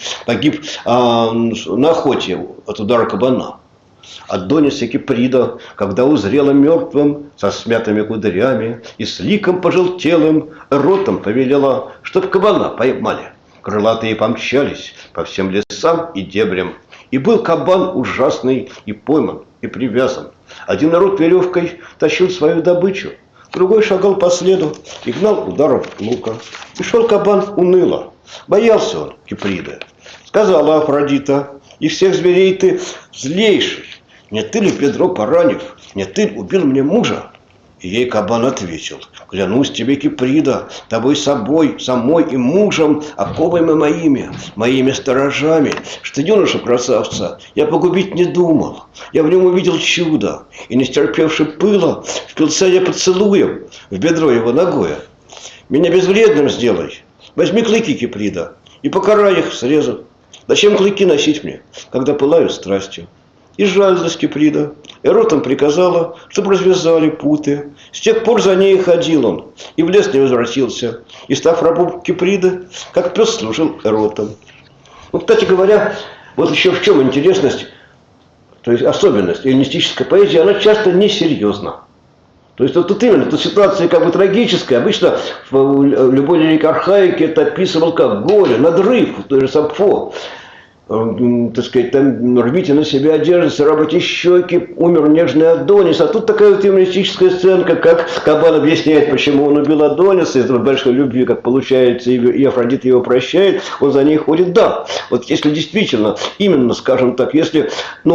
на охоте от удара кабана. Адонис Киприда, когда узрела мертвым, со смятыми кудрями и с ликом пожелтелым, ротом повелела, чтоб кабана поймали. Крылатые помчались по всем лесам и дебрям. И был кабан ужасный и пойман, и привязан. Один народ веревкой тащил свою добычу, другой шагал по следу и гнал ударов лука. И шел кабан уныло. Боялся он Киприда. Сказала Афродита: и всех зверей ты злейший. Не ты ли, Педро, поранив, не ты убил мне мужа? И ей кабан ответил: клянусь тебе, Киприда, тобой собой, самой и мужем, оковами моими сторожами, что юношу красавца я погубить не думал. Я в нем увидел чудо, и, не стерпевши пыла, впился я поцелуем в бедро его ногое. Меня безвредным сделай, возьми клыки, Киприда, и покарай их срезу. Зачем клыки носить мне, когда пылаю страстью? И жалилась Киприда, Эротам приказала, чтобы развязали путы. С тех пор за ней ходил он, и в лес не возвратился. И, став рабом Киприды, как пес служил Эротам. Ну, кстати говоря, вот еще в чем интересность, то есть особенность эллинистической поэзии, она часто несерьезна. То есть вот тут именно, тут ситуация как бы трагическая. Обычно в любой лирике архаики это описывал как горе, надрыв, то же Сапфо. Так сказать, там рвите на себя одежду, царапайте щеки, умер нежный Адонис. А тут такая вот юмористическая сценка, как кабан объясняет, почему он убил Адониса, из большой любви, как получается, и Афродита его прощает, он за ней ходит. Да, вот если действительно, именно, скажем так, если,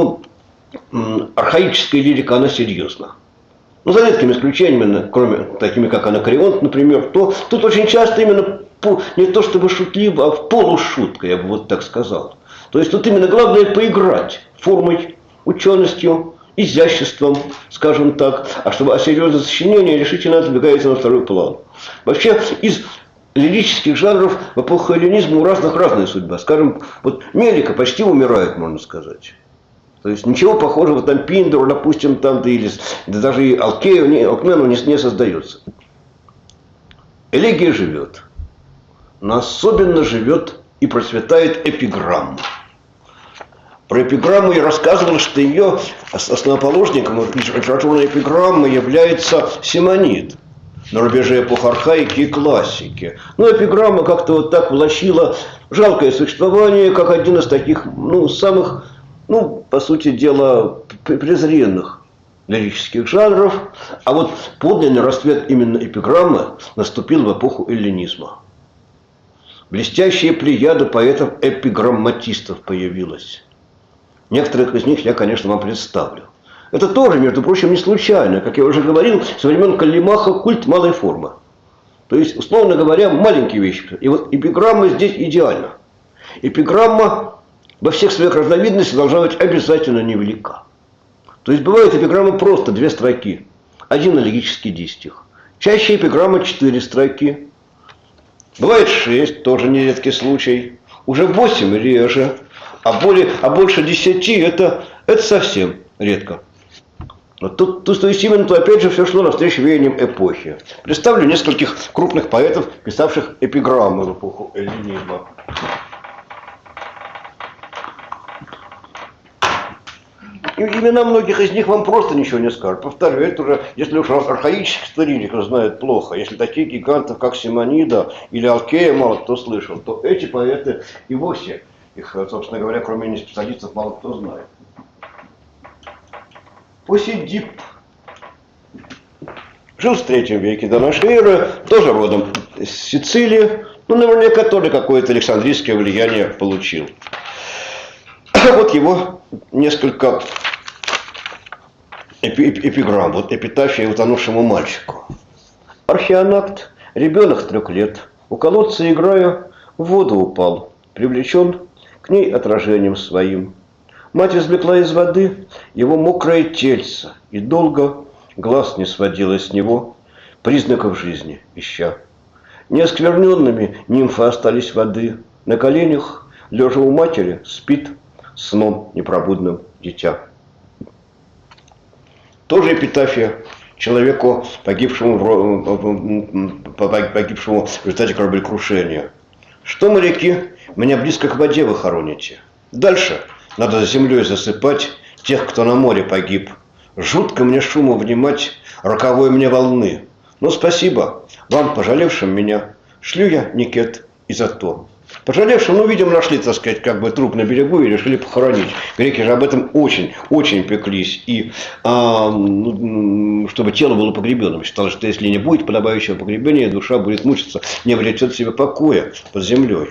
архаическая лирика, она серьезна. Ну, за редкими исключениями, кроме такими, как Анакреонт, например, то тут очень часто именно не то чтобы шутливо, а в полушутка, я бы вот так сказал. То есть тут именно главное поиграть формой, ученостью, изяществом, скажем так, а серьезное сочинение решительно отодвигается на второй план. Вообще из лирических жанров в эпоху эллинизма у разная судьба. Скажем, вот Мелика почти умирает, можно сказать. То есть ничего похожего там Пиндору, допустим, там, да даже и Алкмену не создается. Элегия живет. Но особенно живет и процветает эпиграмма. Про эпиграмму я рассказывал, что ее основоположником литературной эпиграммы является Симонид на рубеже эпох архаики и классики. Но эпиграмма как-то вот так влачила жалкое существование, как один из таких, самых, по сути дела, презренных лирических жанров. А вот подлинный расцвет именно эпиграммы наступил в эпоху эллинизма. Блестящая плеяда поэтов-эпиграмматистов появилась. Некоторых из них я, конечно, вам представлю. Это тоже, между прочим, не случайно. Как я уже говорил, со времен Каллимаха культ малой формы. То есть, условно говоря, маленькие вещи. И вот эпиграмма здесь идеальна. Эпиграмма во всех своих разновидностях должна быть обязательно невелика. То есть, бывает эпиграмма просто 2 строки. Один элегический дистих. Чаще эпиграмма 4 строки. Бывает 6, тоже нередкий случай. Уже 8 реже. А больше 10 это совсем редко. Вот тут, то есть именно, опять же, все шло навстречу веяниям эпохи. Представлю нескольких крупных поэтов, писавших эпиграммы в эпоху эллинизма. И имена многих из них вам просто ничего не скажут. Повторю, это уже, если уж архаических лириков знают плохо, если таких гигантов, как Симонида или Алкея мало кто слышал, то эти поэты и вовсе, их, собственно говоря, кроме неспециалистов, мало кто знает. Посидип жил в III веке до нашей эры, тоже родом из Сицилии, Ну, наверняка тоже какое-то александрийское влияние получил. Вот его несколько эпиграмм. Вот эпитафия утонувшему мальчику. Археонавт, ребенок 3 лет, у колодца играя, в воду упал, привлечен к ней отражением своим. Мать извлекла из воды его мокрое тельце и долго глаз не сводила с него, признаков жизни ища. Неоскверненными нимфы остались воды, на коленях, лежа у матери, спит сном непробудным дитя. Тоже эпитафия человеку, погибшему в результате кораблекрушения. Что, моряки, меня близко к воде вы хороните. Дальше надо землей засыпать тех, кто на море погиб. Жутко мне шуму внимать роковой мне волны. Но спасибо вам, пожалевшим меня, шлю я никет и за то. Пожалевшим, ну, видимо, нашли, так сказать, как бы труп на берегу и решили похоронить. Греки же об этом очень пеклись. И чтобы тело было погребенным. Считалось, что если не будет подобающего погребения, душа будет мучиться, не обретет себе покоя под землей.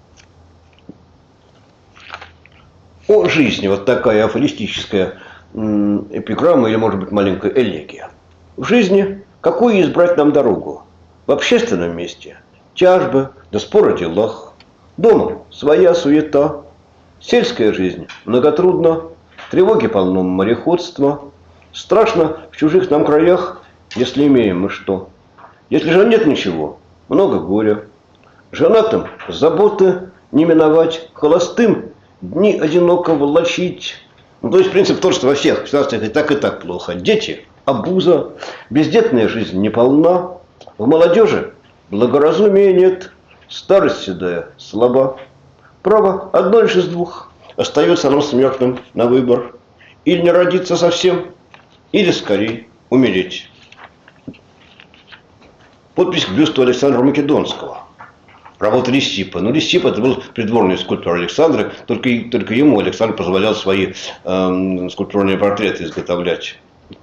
О жизни вот такая афористическая эпиграмма или, может быть, маленькая элегия. В жизни какую избрать нам дорогу? В общественном месте тяжбы да споры о делах. Дома своя суета. Сельская жизнь многотрудна. Тревоги полно мореходства. Страшно в чужих нам краях, если имеем мы что. Если же нет ничего, много горя. Женатым заботы не миновать, холостым дни одиноко волочить. Ну, то есть принцип тот, что во всех государствах и так плохо. Дети – обуза, бездетная жизнь неполна. В молодежи благоразумия нет, старость седая слаба. Право одно лишь из двух. Остается нам смертным на выбор. Или не родиться совсем, или скорее умереть. Подпись к бюсту Александра Македонского. Работа Лисипа. Ну, Лисип это был придворный скульптор Александра, только ему Александр позволял свои скульптурные портреты изготовлять.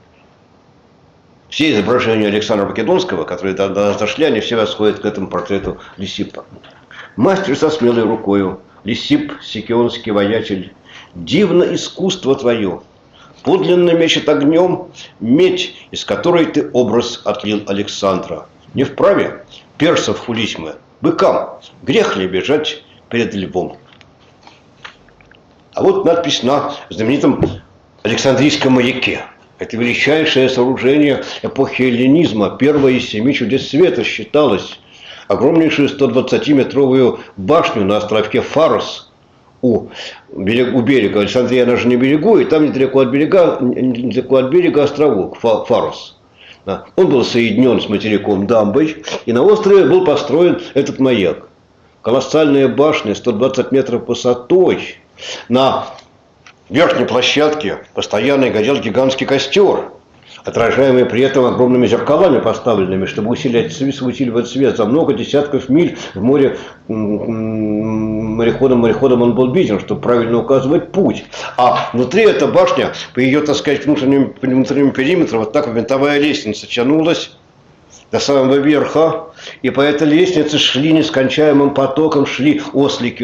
Все изображения Александра Македонского, которые до нас дошли, они все восходят к этому портрету Лисипа. Мастер со смелой рукою, Лисип, сикионский воятель, дивно искусство твое, подлинно мечет огнем медь, из которой ты образ отлил Александра. Не вправе персов хулить мы, быкам, грех ли бежать перед львом. А вот надпись на знаменитом Александрийском маяке. Это величайшее сооружение эпохи эллинизма, первое из 7 чудес света считалось. Огромнейшую 120-метровую башню на островке Фарос у берега. Александрия, она же не берегу, и там недалеко от берега островок Фарос. Он был соединен с материком дамбой, и на острове был построен этот маяк. Колоссальная башня, 120 метров высотой. На верхней площадке постоянно горел гигантский костер, отражаемый при этом огромными зеркалами поставленными, чтобы усиливать свет. За много десятков миль в море мореходом он был виден, чтобы правильно указывать путь. А внутри эта башня, по ее, так сказать, внутреннему периметру, вот так винтовая лестница тянулась до самого верха, и по этой лестнице шли нескончаемым потоком, шли ослики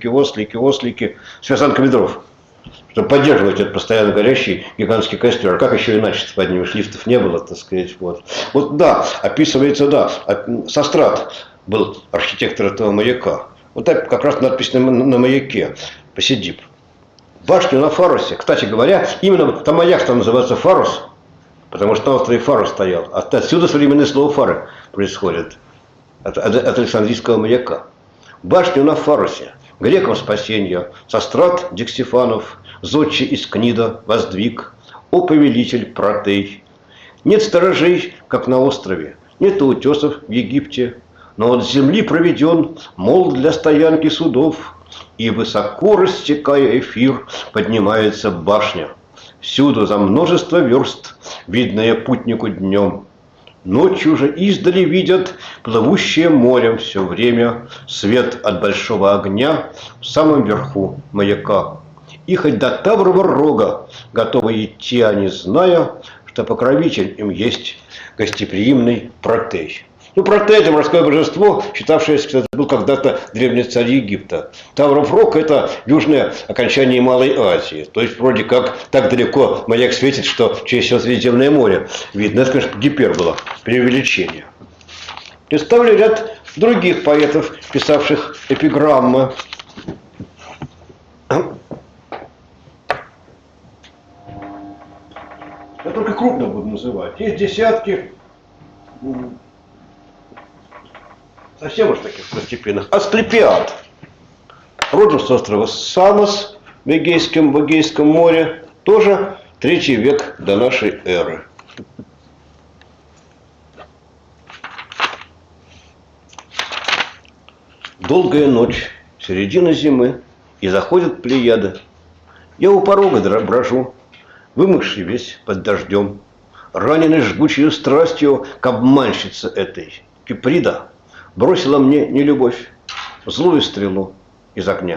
с вязанками дров, чтобы поддерживать этот постоянно горящий гигантский костер. А как еще иначе под ними лифтов не было, так сказать. Вот да, описывается, да, Сострат был архитектор этого маяка. Вот так как раз надпись на маяке, Посидип. Башню на Фаросе, кстати говоря, именно там маяк-то называется Фарос, потому что на острове Фарос стоял. Отсюда современное слово фары происходит, от Александрийского маяка. Башню на Фаросе, грекам спасенья, Сострат Диксифанов, зодчий из Книда воздвиг, о повелитель Протей. Нет сторожей, как на острове, нет утесов в Египте, но от земли проведен мол для стоянки судов, и высоко рассекая эфир поднимается башня. Всюду за множество верст, видное путнику днем. Ночью же издали видят плывущее морем все время свет от большого огня в самом верху маяка. И хоть до Таврова рога готовы идти они, зная, что покровитель им есть гостеприимный Протей. Ну, Протей – это морское божество, считавшееся, что это был когда-то древний царь Египта. Тавр-Рок – это южное окончание Малой Азии. То есть, вроде как, так далеко маяк светит, что через все Средиземное море видно. Это, конечно, гипербола, преувеличение. Представлю ряд других поэтов, писавших эпиграммы. Я только крупно буду называть. Есть десятки, совсем уж таких второстепенных. Асклепиад. Родом с острова Самос в Эгейском море. Тоже 3 век до нашей эры. Долгая ночь, середина зимы, и заходят плеяды. Я у порога брожу, вымокший весь под дождем, раненый жгучей страстью к обманщице этой. Киприда бросила мне нелюбовь, злую стрелу из огня.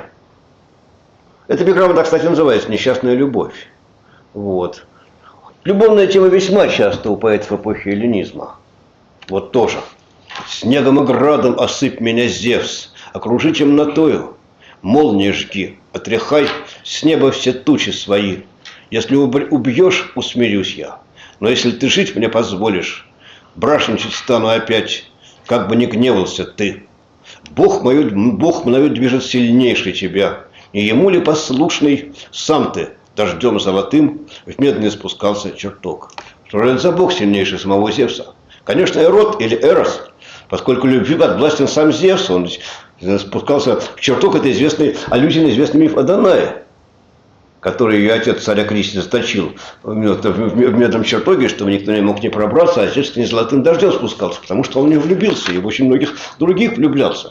Эта эпиграмма, кстати, называется «Несчастная любовь». Вот. Любовная тема весьма часто у поэтов эпохи эллинизма. Вот тоже. «Снегом и градом осыпь меня, Зевс, окружи темнотою, молнии жги, отряхай с неба все тучи свои. Если убьешь, усмирюсь я, но если ты жить мне позволишь, брашничать стану опять, как бы ни гневался ты. Бог мною движет сильнейший тебя, и ему ли послушный сам ты дождем золотым в медный спускался чертог». Что же это за бог сильнейший самого Зевса? Конечно, Эрот или Эрос, поскольку любви подвластен сам Зевс, он спускался в чертог, это известный аллюзия на известный миф о Данае, который ее отец царя Кристи заточил в медном чертоге, чтобы никто не мог не пробраться, а Зевс не золотым дождем спускался, потому что он в нее влюбился и в очень многих других влюблялся.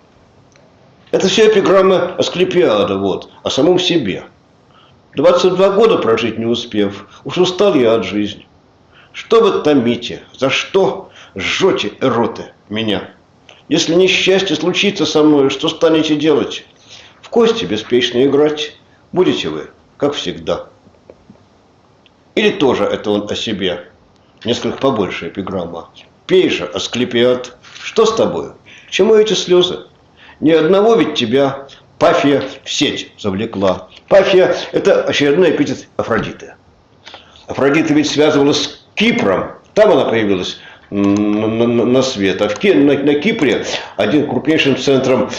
Это все эпиграммы Асклепиада, вот, о самом себе. 22 года прожить не успев, уж устал я от жизни. Что вы томите, за что жжете, эроты, меня? Если несчастье случится со мной, что станете делать? В кости беспечно играть будете вы, как всегда. Или тоже это он о себе? Несколько побольше эпиграмма. Пей же, Асклепиад, что с тобою? К чему эти слезы? Ни одного ведь тебя Пафия в сеть завлекла. Пафия – это очередной эпитет Афродиты. Афродита ведь связывалась с Кипром. Там она появилась на свет. А на Кипре крупнейшим центром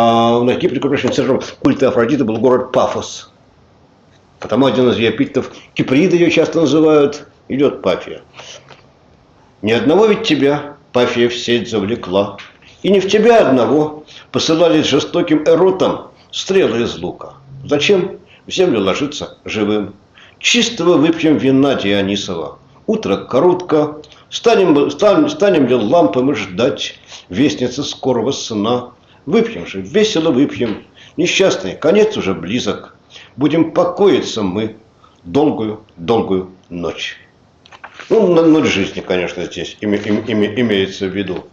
культа Афродиты был город Пафос. Потому один из ее эпитетов, Киприда ее часто называют, идет Пафия. Ни одного ведь тебя Пафия в сеть завлекла. И не в тебя одного посылались жестоким эротам стрелы из лука. Зачем в землю ложиться живым? Чистого выпьем вина Дионисова. Утро коротко. Станем ли лампами ждать вестницы скорого сна? Выпьем же, весело выпьем. Несчастный, конец уже близок. Будем покоиться мы долгую ночь. Ну, ночь жизни, конечно, здесь имеется в виду.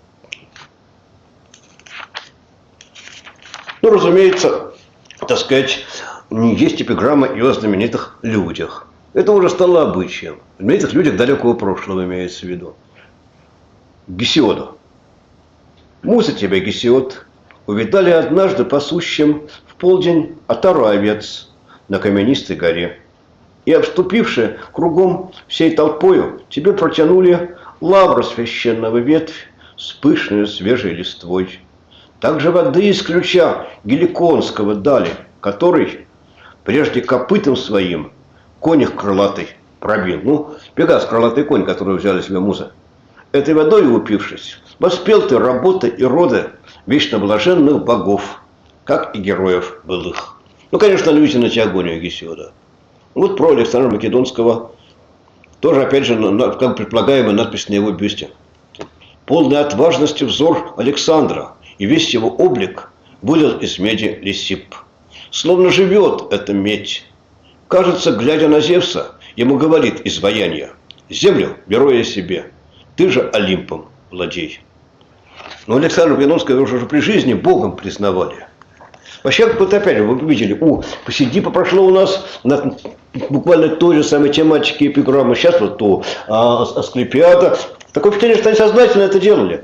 Ну, разумеется, так сказать, есть эпиграмма и о знаменитых людях. Это уже стало обычаем. О знаменитых людях далекого прошлого имеется в виду. Гесиоду. Муза тебя, Гесиод, увидали однажды пасущим в полдень отару овец на каменистой горе. И, обступивши кругом всей толпою, тебе протянули лавру священного ветвь с пышной свежей листвой. Также воды из ключа Геликонского дали, который прежде копытом своим конях крылатый пробил. Ну, Пегас, крылатый конь, который взяли себе муза. Этой водой упившись, воспел ты работы и роды вечно блаженных богов, как и героев былых. Ну, конечно, аллюзия на Теогонию Гесиода. Вот про Александра Македонского тоже, опять же, как предполагаемая надпись на его бюсте. Полный отважности взор Александра, и весь его облик вылил из меди Лисип. Словно живет эта медь. Кажется, глядя на Зевса, ему говорит изваяние: землю беру я себе, ты же Олимпом владей. Но Александра Македонского уже при жизни богом признавали. Вообще, вот опять же, вы видели, посиди, прошло у нас буквально той же самой тематики эпиграммы. Сейчас вот то Асклепиада, Такое впечатление, что они сознательно это делали.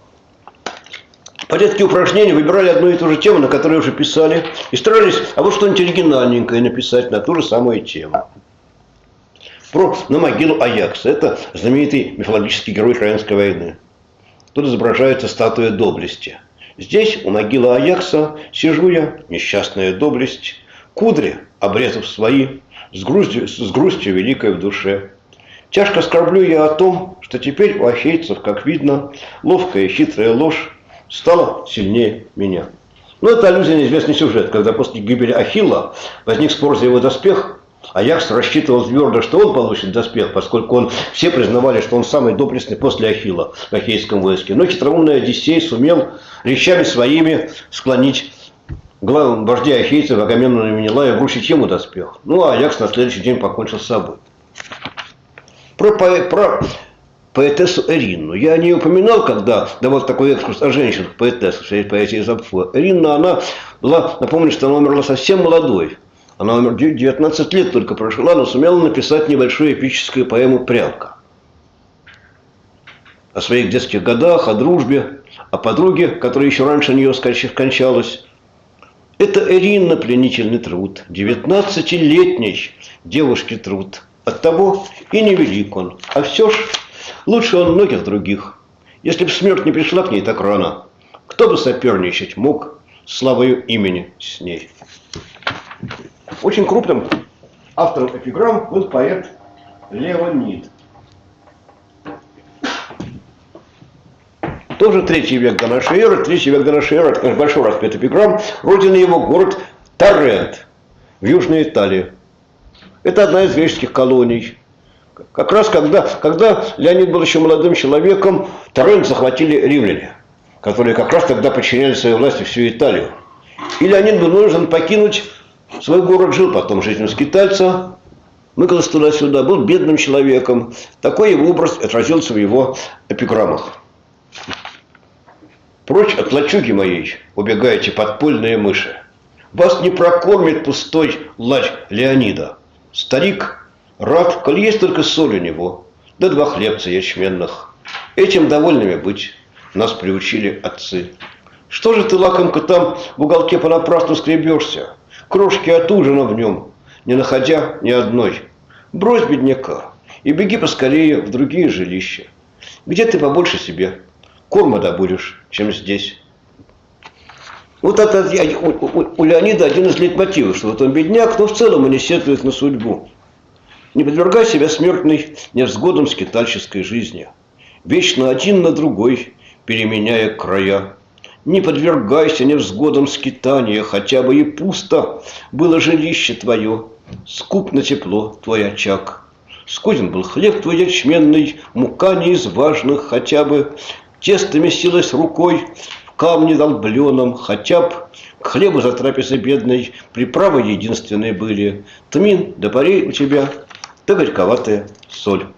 В порядке упражнений выбирали одну и ту же тему, на которой уже писали, и старались, а вот что-нибудь оригинальненькое написать на ту же самую тему. На могилу Аякса. Это знаменитый мифологический герой Троянской войны. Тут изображается статуя доблести. Здесь, у могилы Аякса, сижу я, несчастная доблесть, кудри, обрезав свои, с грустью великой в душе. Тяжко скорблю я о том, что теперь у ахейцев, как видно, ловкая и хитрая ложь стала сильнее меня. Но это аллюзия на известный сюжет, когда после гибели Ахилла возник спор за его доспех. Аякс рассчитывал твердо, что он получит доспех, поскольку все признавали, что он самый доблестный после Ахилла в ахейском войске. Но хитроумный Одиссей сумел речами своими склонить вождя ахейцев Агамемнона и Менелая вручить ему доспех. Ну, а Аякс на следующий день покончил с собой. Про поэтессу Эринну. Я не упоминал, когда давал такой экскурс о женщинах, поэтессах, в своей поэзии Запфо. Эринна, она была, напомню, что она умерла совсем молодой. Она умерла 19 лет только прожила, но сумела написать небольшую эпическую поэму «Прялка». О своих детских годах, о дружбе, о подруге, которая еще раньше нее скончалась. Это Эринна пленительный труд, 19-летней девушки труд. Оттого и невелик он, а все ж лучше он многих других. Если б смерть не пришла к ней так рано, кто бы соперничать мог славою имени с ней? Очень крупным автором эпиграмм был поэт Леонид. Тоже 3 век до нашей эры. 3 век до нашей эры, это, конечно, большой распад эпиграмм. Родина его город Торрент в Южной Италии. Это одна из греческих колоний. Как раз когда Леонид был еще молодым человеком, Торрент захватили римляне, которые как раз тогда подчиняли своей власти всю Италию. И Леонид был вынужден покинуть свой город, жил потом жизнью скитальца, мыкался туда-сюда, был бедным человеком. Такой его образ отразился в его эпиграммах. Прочь от лачуги моей убегаете подпольные мыши. Вас не прокормит пустой лач Леонида. Старик рад, коль есть только соль у него, да 2 хлебца ячменных. Этим довольными быть нас приучили отцы. Что же ты, лакомка, там в уголке понапрасну скребешься? Крошки от ужина в нем, не находя ни одной. Брось бедняка и беги поскорее в другие жилища, где ты побольше себе корма добудешь, чем здесь. Вот это у Леонида один из лейтмотивов, что вот он бедняк, но в целом он не сетует на судьбу. Не подвергай себя смертной невзгодам скитальческой жизни, вечно один на другой, переменяя края. Не подвергайся невзгодам скитания, хотя бы и пусто было жилище твое, скуп на тепло твой очаг. Скуден был хлеб твой ячменный, мука не из важных, хотя бы тесто месилось рукой в камне долбленом, хотя б к хлебу за трапезой бедной приправы единственные были тмин да парей у тебя, да горьковатая соль.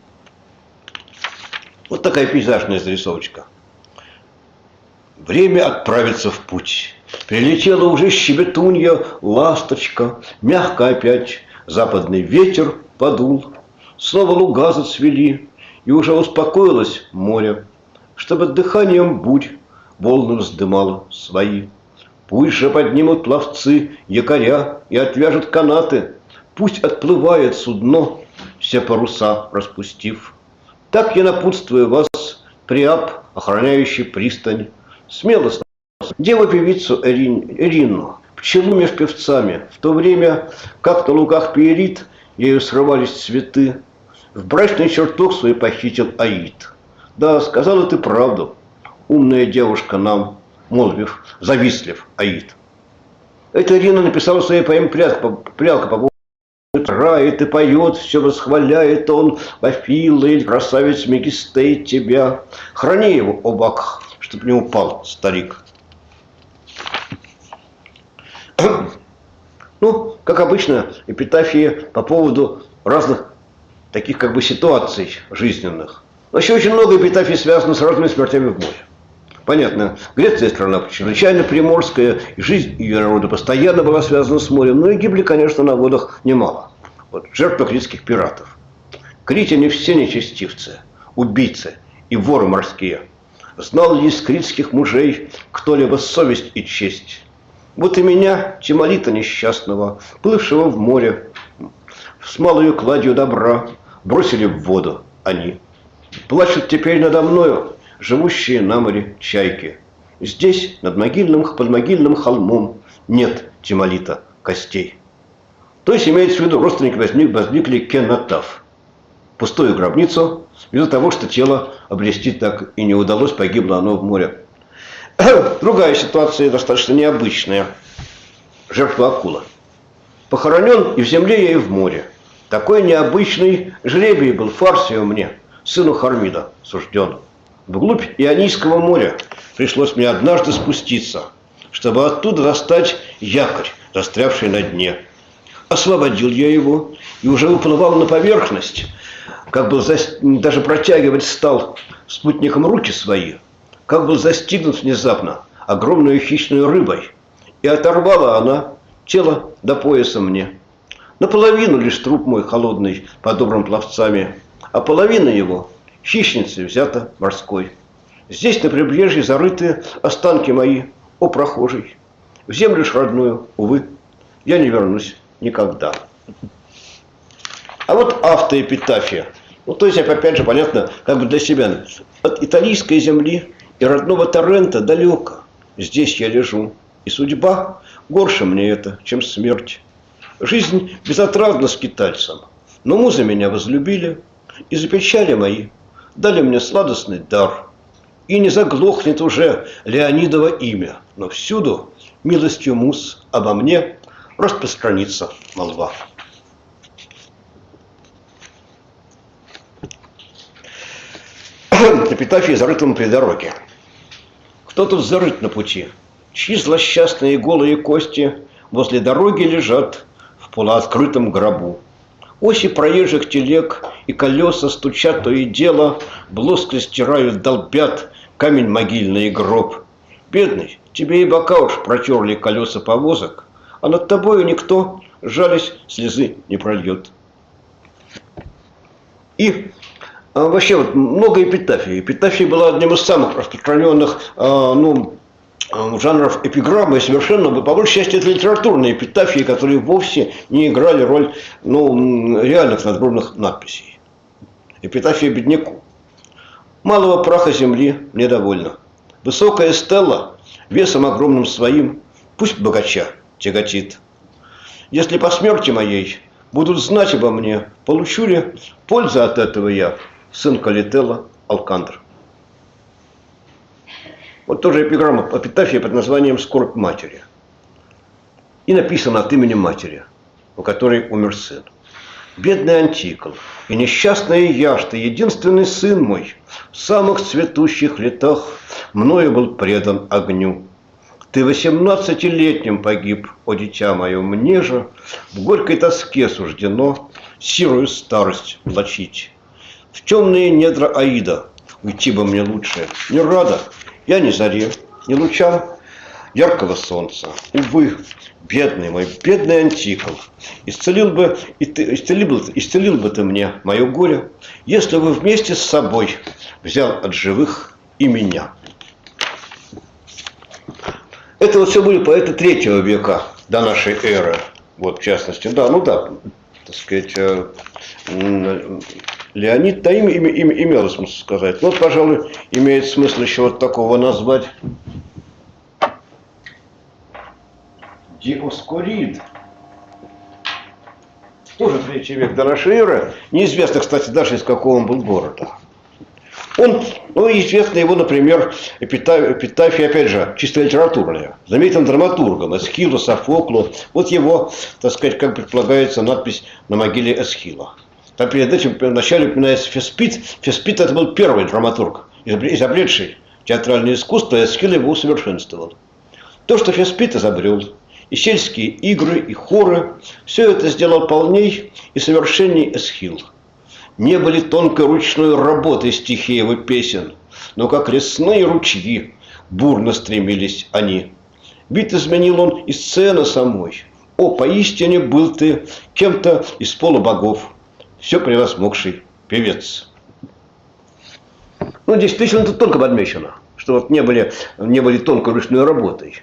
Вот такая пейзажная зарисовочка. Время отправиться в путь. Прилетела уже щебетунья, ласточка, мягко опять западный ветер подул. Снова луга зацвели, и уже успокоилось море, чтобы дыханием бурь волны вздымало свои. Пусть же поднимут пловцы якоря и отвяжут канаты, пусть отплывает судно, все паруса распустив. Так я напутствую вас, Приап, охраняющий пристань, смело деву-певицу Эринну, пчелу меж певцами, в то время, как на лугах Пиерит ею срывались цветы, в брачный чертог свой похитил Аид. Да, сказала ты правду, умная девушка нам, молвив, завистлив Аид. Это Эринна написала в своей поэме «Прялка» по поводу рает и поет, все восхваляет он, Пафила или красавец Мегистей тебя. Храни его, о бак, чтоб не упал старик. Ну, как обычно, эпитафии по поводу разных таких как бы ситуаций жизненных. Вообще очень много эпитафий связано с разными смертями в море. Понятно, Греция страна чрезвычайно приморская, и жизнь ее народа постоянно была связана с морем, но и гибли, конечно, на водах немало. Вот, жертвы критских пиратов. Критяне все нечестивцы, убийцы, и воры морские. Знал ли из критских мужей кто-либо совесть и честь? Вот и меня, Тимолита несчастного, плывшего в море, с малою кладью добра, бросили в воду они. Плачут теперь надо мною живущие на море чайки. Здесь, под могильным холмом, нет Тимолита костей. То есть имеется в виду, родственники возникли кенотаф. Пустую гробницу, из-за того, что тело обрести так и не удалось, погибло оно в море. Другая ситуация достаточно необычная. Жертва акула. Похоронен и в земле, и в море. Такой необычный жребий был Фарсию мне, сыну Хармида, сужден. Вглубь Ионийского моря пришлось мне однажды спуститься, чтобы оттуда достать якорь, застрявший на дне. Освободил я его и уже уплывал на поверхность, как был даже протягивать стал спутником руки свои, как был застигнут внезапно огромную хищную рыбой, и оторвала она тело до пояса мне. Наполовину лишь труп мой холодный под добрым пловцами, а половина его хищницей взята морской. Здесь на прибрежье зарыты останки мои, о прохожий. В землю ж родную, увы, я не вернусь никогда. А вот автоэпитафия. Ну, то есть, опять же, понятно, как бы для себя. От италийской земли и родного Торрента далеко. Здесь я лежу. И судьба горше мне это, чем смерть. Жизнь безотрадна скитальцам. Но музы меня возлюбили, и за печали мои дали мне сладостный дар. И не заглохнет уже Леонидово имя, но всюду милостью муз обо мне распространится молва. Эпитафия зарытым при дороге. Кто тут зарыт на пути? Чьи злосчастные голые кости возле дороги лежат в полуоткрытом гробу? Оси проезжих телег и колеса стучат то и дело, блоско стирают, долбят камень могильный и гроб. Бедный, тебе и бока уж протерли колеса повозок, а над тобою никто, жались, слезы не прольет. И вообще вот много эпитафий. Эпитафия была одним из самых распространенных жанров эпиграммы, и совершенно, по большей части, это литературные эпитафии, которые вовсе не играли роль реальных надгробных надписей. Эпитафия бедняку. Малого праха земли мне довольно. Высокая стелла, весом огромным своим, пусть богача тяготит. Если по смерти моей будут знать обо мне, получу ли пользу от этого я, сын Калителла Алкандр. Вот тоже эпиграмма, эпитафия под названием «Скорбь матери». И написано от имени матери, у которой умер сын. Бедный Антикл и несчастная Яшта, единственный сын мой, в самых цветущих летах мною был предан огню. Ты 18-летним погиб, о дитя мое, мне же в горькой тоске суждено сирую старость влачить. В темные недра Аида уйти бы мне лучше, не рада я ни заре, ни лучам яркого солнца. Увы, бедный мой, бедный Антикл, исцелил бы ты мне мое горе, если бы вместе с собой взял от живых и меня. Это вот все были поэты 3 века до нашей эры. Вот, в частности, так сказать, Леонид, да, имело смысл сказать. Но, пожалуй, имеет смысл еще вот такого назвать. Диоскорид. Тоже 3 век до нашей эры. Неизвестно, кстати, даже из какого он был города. Он, известна его, например, эпитафия, опять же, чисто литературная. Знаменитым драматургом Эсхилу, Софоклу. Вот его, так сказать, как предполагается, надпись на могиле Эсхила. Там перед этим вначале упоминается Феспит. Феспит это был первый драматург, изобретший театральное искусство, и Эсхил его усовершенствовал. То, что Феспит изобрел, и сельские игры, и хоры, все это сделал полней и совершенней Эсхил. Не были тонкой ручной работой стихи его песен, но как лесные ручьи бурно стремились они. Бит изменил он и сцены самой. О, поистине был ты кем-то из полубогов, все превозмогший певец. Ну, здесь действительно тут тонко подмечено, что вот не были тонкой ручной работой.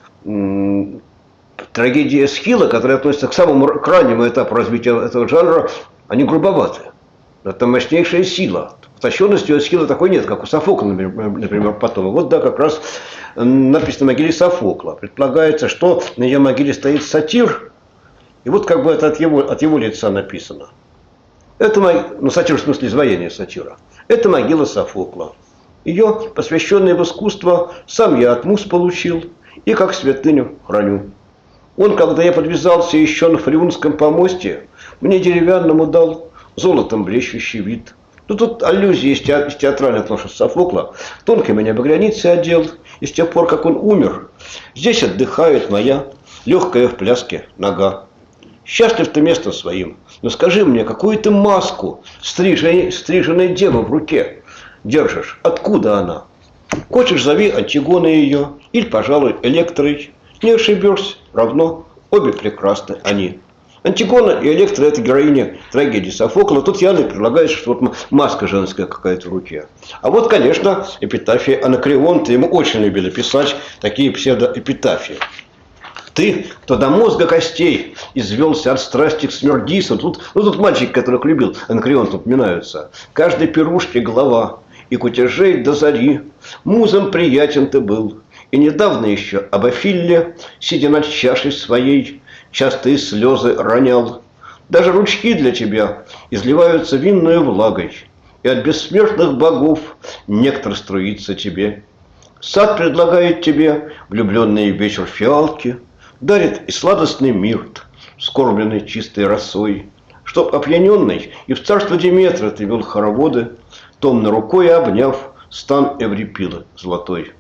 Трагедия Эсхила, которая относится к самому крайнему этапу развития этого жанра, они грубоваты. Это мощнейшая сила. Утонченности у Эсхила такой нет, как у Софокла, например, потом. Вот, да, как раз написано на могиле Софокла. Предполагается, что на ее могиле стоит сатир, и вот как бы это от его лица написано. Это, ну, сатир в смысле изваяния сатира. Это могила Софокла. Ее, посвященное в искусство, сам я от муз получил и как святыню храню. Он, когда я подвязался еще на Фреунском помосте, мне деревянному дал золотом блещущий вид. Ну, тут аллюзии из театральных ношек Софокла. Тонко меня багряницей одел, и с тех пор, как он умер, здесь отдыхает моя легкая в пляске нога. Счастлив ты местом своим, но скажи мне, какую ты маску стриженной девы в руке держишь? Откуда она? Хочешь, зови Антигоной ее, или, пожалуй, Электрой. Не ошибешься, равно обе прекрасны они. Антигона и Электра – это героиня трагедии Софокла. Тут явно предлагается, что вот маска женская какая-то в руке. А вот, конечно, эпитафии Анакреонта. Ему очень любили писать такие псевдоэпитафии. Ты, кто до мозга костей извелся от страсти к смердисам. Тут мальчики, которых любил Анакреонт, упоминаются. Каждой пирушке голова, и кутежей до зари. Музам приятен ты был. И недавно еще об Афилле, сидя над чашей своей, частые слезы ронял. Даже ручки для тебя изливаются винною влагой, и от бессмертных богов нектар струится тебе. Сад предлагает тебе влюбленный вечер фиалки, дарит и сладостный мирт, скорбленный чистой росой, чтоб опьяненный и в царство Диметра ты вел хороводы, томно рукой обняв стан Эврипилы золотой.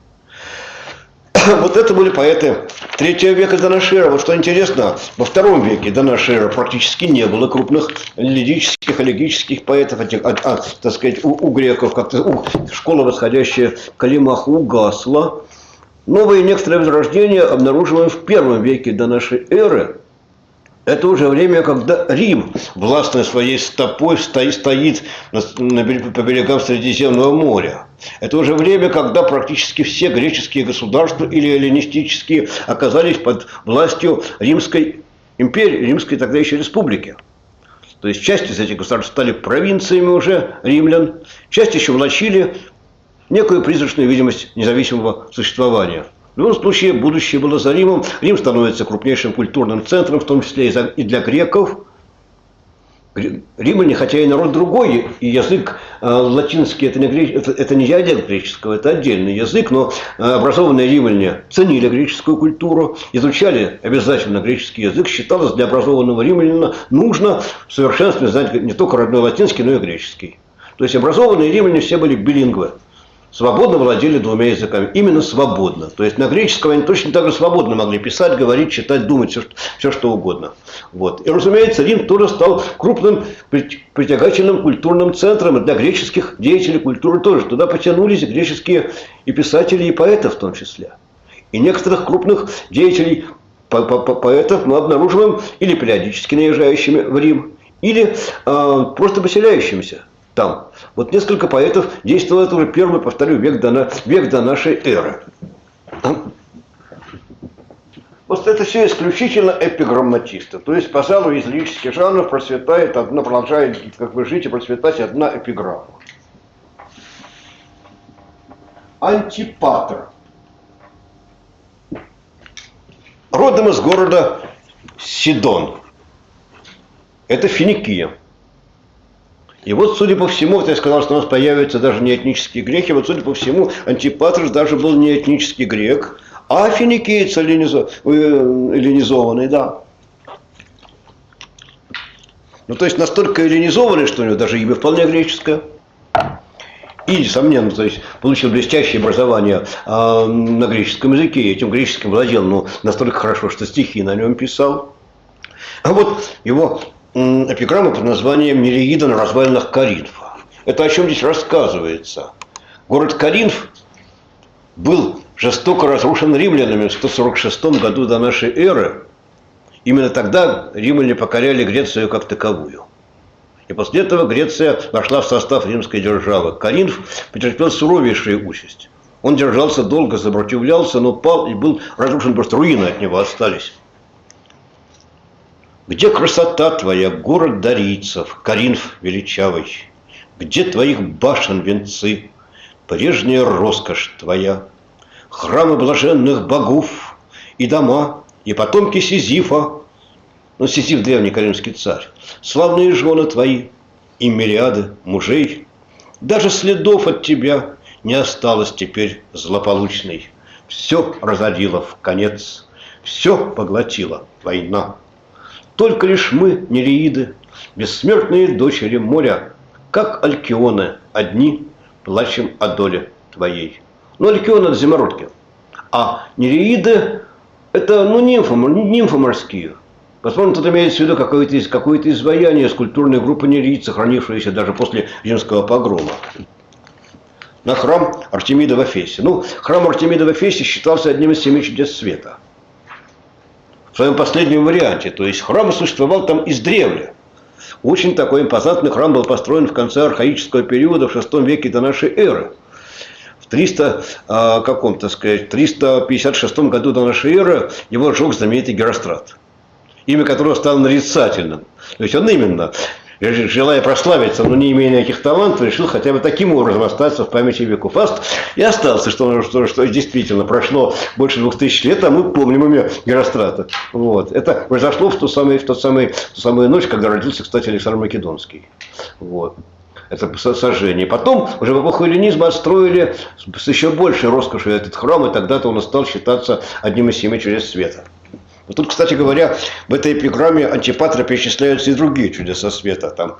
Вот это были поэты III века до нашей эры. Вот что интересно, во II веке до нашей эры практически не было крупных лирических, элегических поэтов, так сказать, у греков, как-то школа, восходящая к Калимаху, угасла. Новые некоторые возрождения обнаруживаем в I веке до нашей эры. Это уже время, когда Рим, властной своей стопой, стоит по берегам Средиземного моря. Это уже время, когда практически все греческие государства или эллинистические оказались под властью Римской империи, Римской тогда еще республики. То есть часть из этих государств стали провинциями уже римлян, часть еще влачили некую призрачную видимость независимого существования. В любом случае, будущее было за Римом. Рим становится крупнейшим культурным центром, в том числе и для греков. Римляне, хотя и народ другой, и язык латинский, это не диалект греческого, это отдельный язык, но образованные римляне ценили греческую культуру, изучали обязательно греческий язык. Считалось, для образованного римлянина нужно в совершенстве знать не только родной латинский, но и греческий. То есть образованные римляне все были билингвы. Свободно владели двумя языками. Именно свободно. То есть на греческом они точно так же свободно могли писать, говорить, читать, думать, все что угодно. Вот. И, разумеется, Рим тоже стал крупным притягательным культурным центром для греческих деятелей культуры тоже. Туда потянулись греческие и писатели, и поэты в том числе. И некоторых крупных деятелей поэтов мы обнаруживаем или периодически наезжающими в Рим, или просто поселяющимися там. Вот несколько поэтов действовало, это уже первый, повторю, век до нашей эры. Вот это все исключительно эпиграмматисты. То есть, пожалуй, из лирических жанров продолжает, как вы жить, и процветать одна эпиграмма. Антипатр. Родом из города Сидон. Это Финикия. И вот, судя по всему, вот я сказал, что у нас появятся даже не этнические греки, вот, судя по всему, Антипатр даже был не этнический грек, а финикиец эллинизованный, да. Ну, то есть, настолько эллинизованный, что у него даже имя вполне греческое. И, несомненно, то есть, получил блестящее образование на греческом языке, и этим греческим владел, но настолько хорошо, что стихи на нем писал. А вот его эпиграмма под названием «Нереида на развалинах Коринфа». Это о чем здесь рассказывается? Город Коринф был жестоко разрушен римлянами в 146 году до нашей эры. Именно тогда римляне покоряли Грецию как таковую. И после этого Греция вошла в состав римской державы. Коринф потерпел суровейшую участь. Он держался долго, сопротивлялся, но пал и был разрушен, просто руины от него остались. Где красота твоя, город дарийцев, Коринф величавый? Где твоих башен венцы, прежняя роскошь твоя? Храмы блаженных богов и дома, и потомки Сизифа, ну, Сизиф древний коринфский царь, славные жены твои и мириады мужей. Даже следов от тебя не осталось теперь злополучной. Все разорило в конец, все поглотила война. Только лишь мы, нереиды, бессмертные дочери моря, как алькионы, одни плачем о доле твоей. Ну, алькионы – это зимородки, а нереиды – это, ну, нимфы морские. Возможно, тут имеется в виду какое-то изваяние скульптурной группы нереид, сохранившееся даже после римского погрома. На храм Артемида в Эфесе. Ну, храм Артемида в Эфесе считался одним из 7 чудес света. В своем последнем варианте. То есть храм существовал там издревле. Очень такой импозантный храм был построен в конце архаического периода, в VI веке до нашей эры. В 356 году до нашей эры его сжег знаменитый Герострат, имя которого стало нарицательным. То есть он именно, желая прославиться, но не имея никаких талантов, решил хотя бы таким образом остаться в памяти веков. И остался, что действительно прошло больше 2000 лет, а мы помним имя Герострата. Вот. Это произошло в ту самую ночь, когда родился, кстати, Александр Македонский. Вот. Это сожжение. Потом, уже в эпоху эллинизма, отстроили с еще большей роскошью этот храм, и тогда-то он стал считаться одним из 7 чудес света. Вот тут, кстати говоря, в этой эпиграмме Антипатра перечисляются и другие чудеса света. Там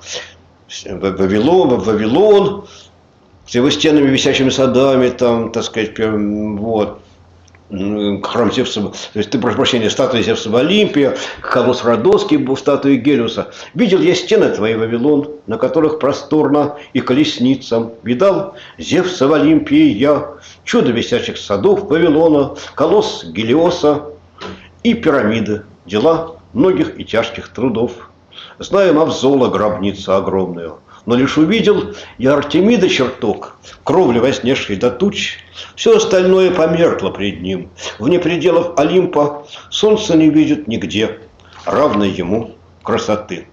Вавилон с его стенами, висячими садами, там, так сказать, вот, храм Зевса, то есть, прошу прощения, статуя Зевса в Олимпе, колосс Родосский был статуей Гелиуса. Видел я стены твои, Вавилон, на которых просторно и колесницам. Видал Зевса в Олимпе я, чудо висячих садов Вавилона, колосс Гелиоса и пирамиды, дела многих и тяжких трудов. Знаем Авзола гробницу огромную, но лишь увидел я Артемида чертог, кровли вознесшей до туч. Все остальное померкло пред ним. Вне пределов Олимпа солнце не видит нигде равной ему красоты.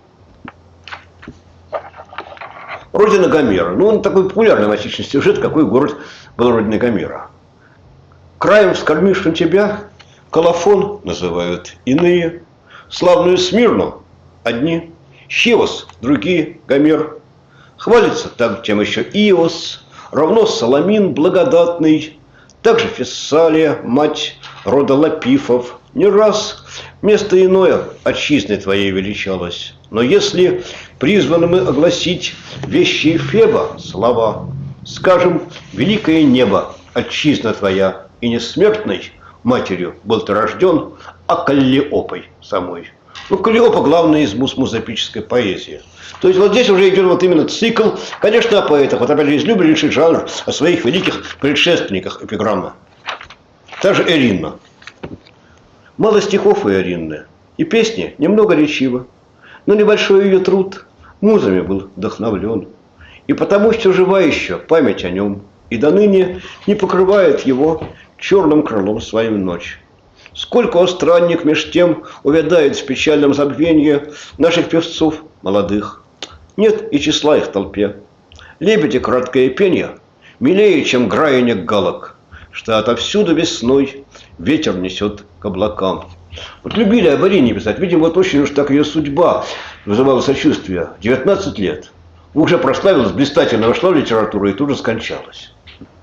Родина Гомера. Ну, он такой популярный в античный сюжет, какой город был родиной Гомера. Краем вскормившим тебя Колофон называют иные, славную Смирну одни, Хивос другие, Гомер. Хвалится там тем еще Иос, равно Саламин благодатный, также Фессалия, мать рода Лапифов. Не раз место иное отчизной твоей величалось. Но если призваны мы огласить вещи Феба слова, скажем, великое небо, отчизна твоя, и несмертной матерью был ты рожден, а Каллиопой самой. Ну, Каллиопа главная из музыпической поэзии. То есть вот здесь уже идет вот именно цикл, конечно, о поэтах. Вот опять же, излюбленнейший жанр о своих великих предшественниках эпиграммы. Та же Эринна. Мало стихов у Эринны, и песни немного речива, но небольшой ее труд музами был вдохновлен. И потому что жива еще память о нем, и до ныне не покрывает его черным крылом своим ночь. Сколько, о странник, меж тем увядает в печальном забвенье наших певцов молодых. Нет и числа их в толпе. Лебеди краткое пенье милее, чем граяние галок, что отовсюду весной ветер несет к облакам. Вот любили об Арине писать. Видимо, вот очень уж так ее судьба вызывала сочувствие. 19 лет. Уже прославилась, блистательно вошла в литературу и тут же скончалась.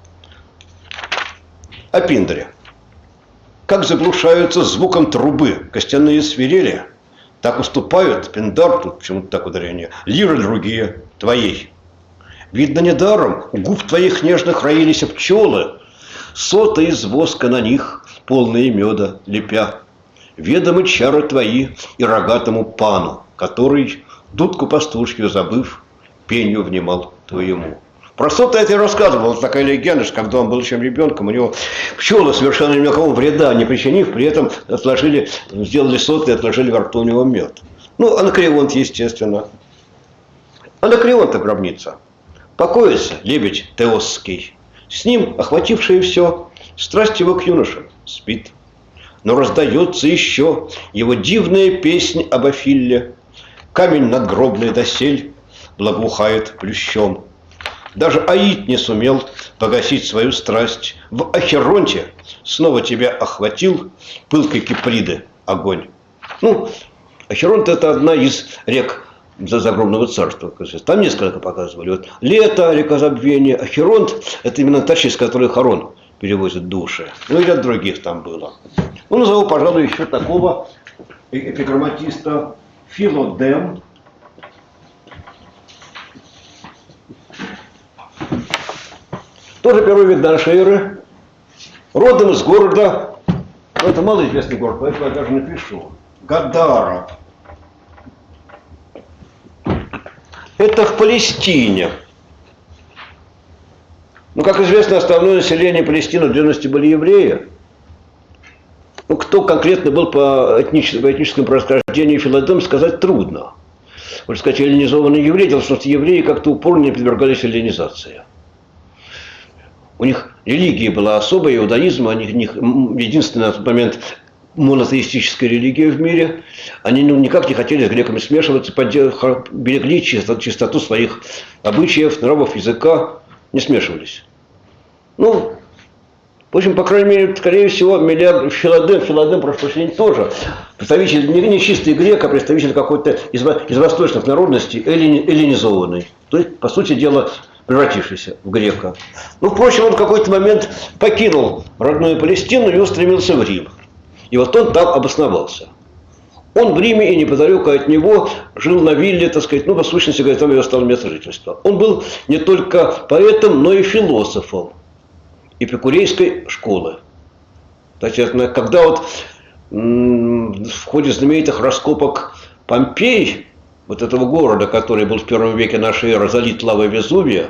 О Пиндоре. Как заглушаются звуком трубы костяные свирели, так уступают Пиндар, тут почему-то так ударение, лиры другие твоей. Видно, недаром у губ твоих нежных роились пчелы, соты из воска на них, полные меда лепя. Ведомы чары твои и рогатому пану, который, дудку пастушью забыв, пенью внимал твоему. Про соты я тебе рассказывал, вот такая легенда, что когда он был еще ребенком, у него пчелы, совершенно никакого вреда не причинив, при этом сделали соты и отложили во рту у него мед. Ну, Анакреонт, естественно. Анакреонта гробница. Покоится лебедь Теосский. С ним, охватившее все, страсть его к юношам спит. Но раздается еще его дивная песнь об Афилле. Камень надгробный досель благоухает плющом. Даже Аид не сумел погасить свою страсть. В Ахеронте снова тебя охватил пылкой Киприды огонь. Ну, Ахеронт — это одна из рек загробного царства. Там несколько показывали. Вот Лето, река забвения, Ахеронт — это именно та часть, с которой Харон перевозит души. Ну и ряд других там было. Ну, назову, пожалуй, еще такого эпиграмматиста Филодем. Тоже первый век до нашей эры. Родом из города, ну, это малоизвестный город, поэтому я даже напишу, Гадара. Это в Палестине. Ну, как известно, основное население Палестины в древности были евреи. Ну, кто конкретно был по этническому происхождению Филодем, сказать трудно. Можно сказать, эллинизованные евреи, дело в том, что евреи как-то упорно не подвергались эллинизации. У них религия была особая, иудаизм, у них единственная на тот момент монотеистическая религия в мире. Они никак не хотели с греками смешиваться, берегли чистоту своих обычаев, нравов, языка, не смешивались. Ну, в общем, по крайней мере, скорее всего, Филодем, прошу прощения, тоже представитель не чистый грек, а представитель какой-то из восточных народностей, эллинизованный. То есть, по сути дела, превратившийся в грека. Ну, впрочем, он в какой-то момент покинул родную Палестину и устремился в Рим. И вот он там обосновался. Он в Риме и неподалеку от него жил на вилле, так сказать, ну, по сущности, говоря, там его стало место жительства. Он был не только поэтом, но и философом эпикурейской школы. Значит, когда вот в ходе знаменитых раскопок Помпей, вот этого города, который был в первом веке нашей эры залит лавой Везувия,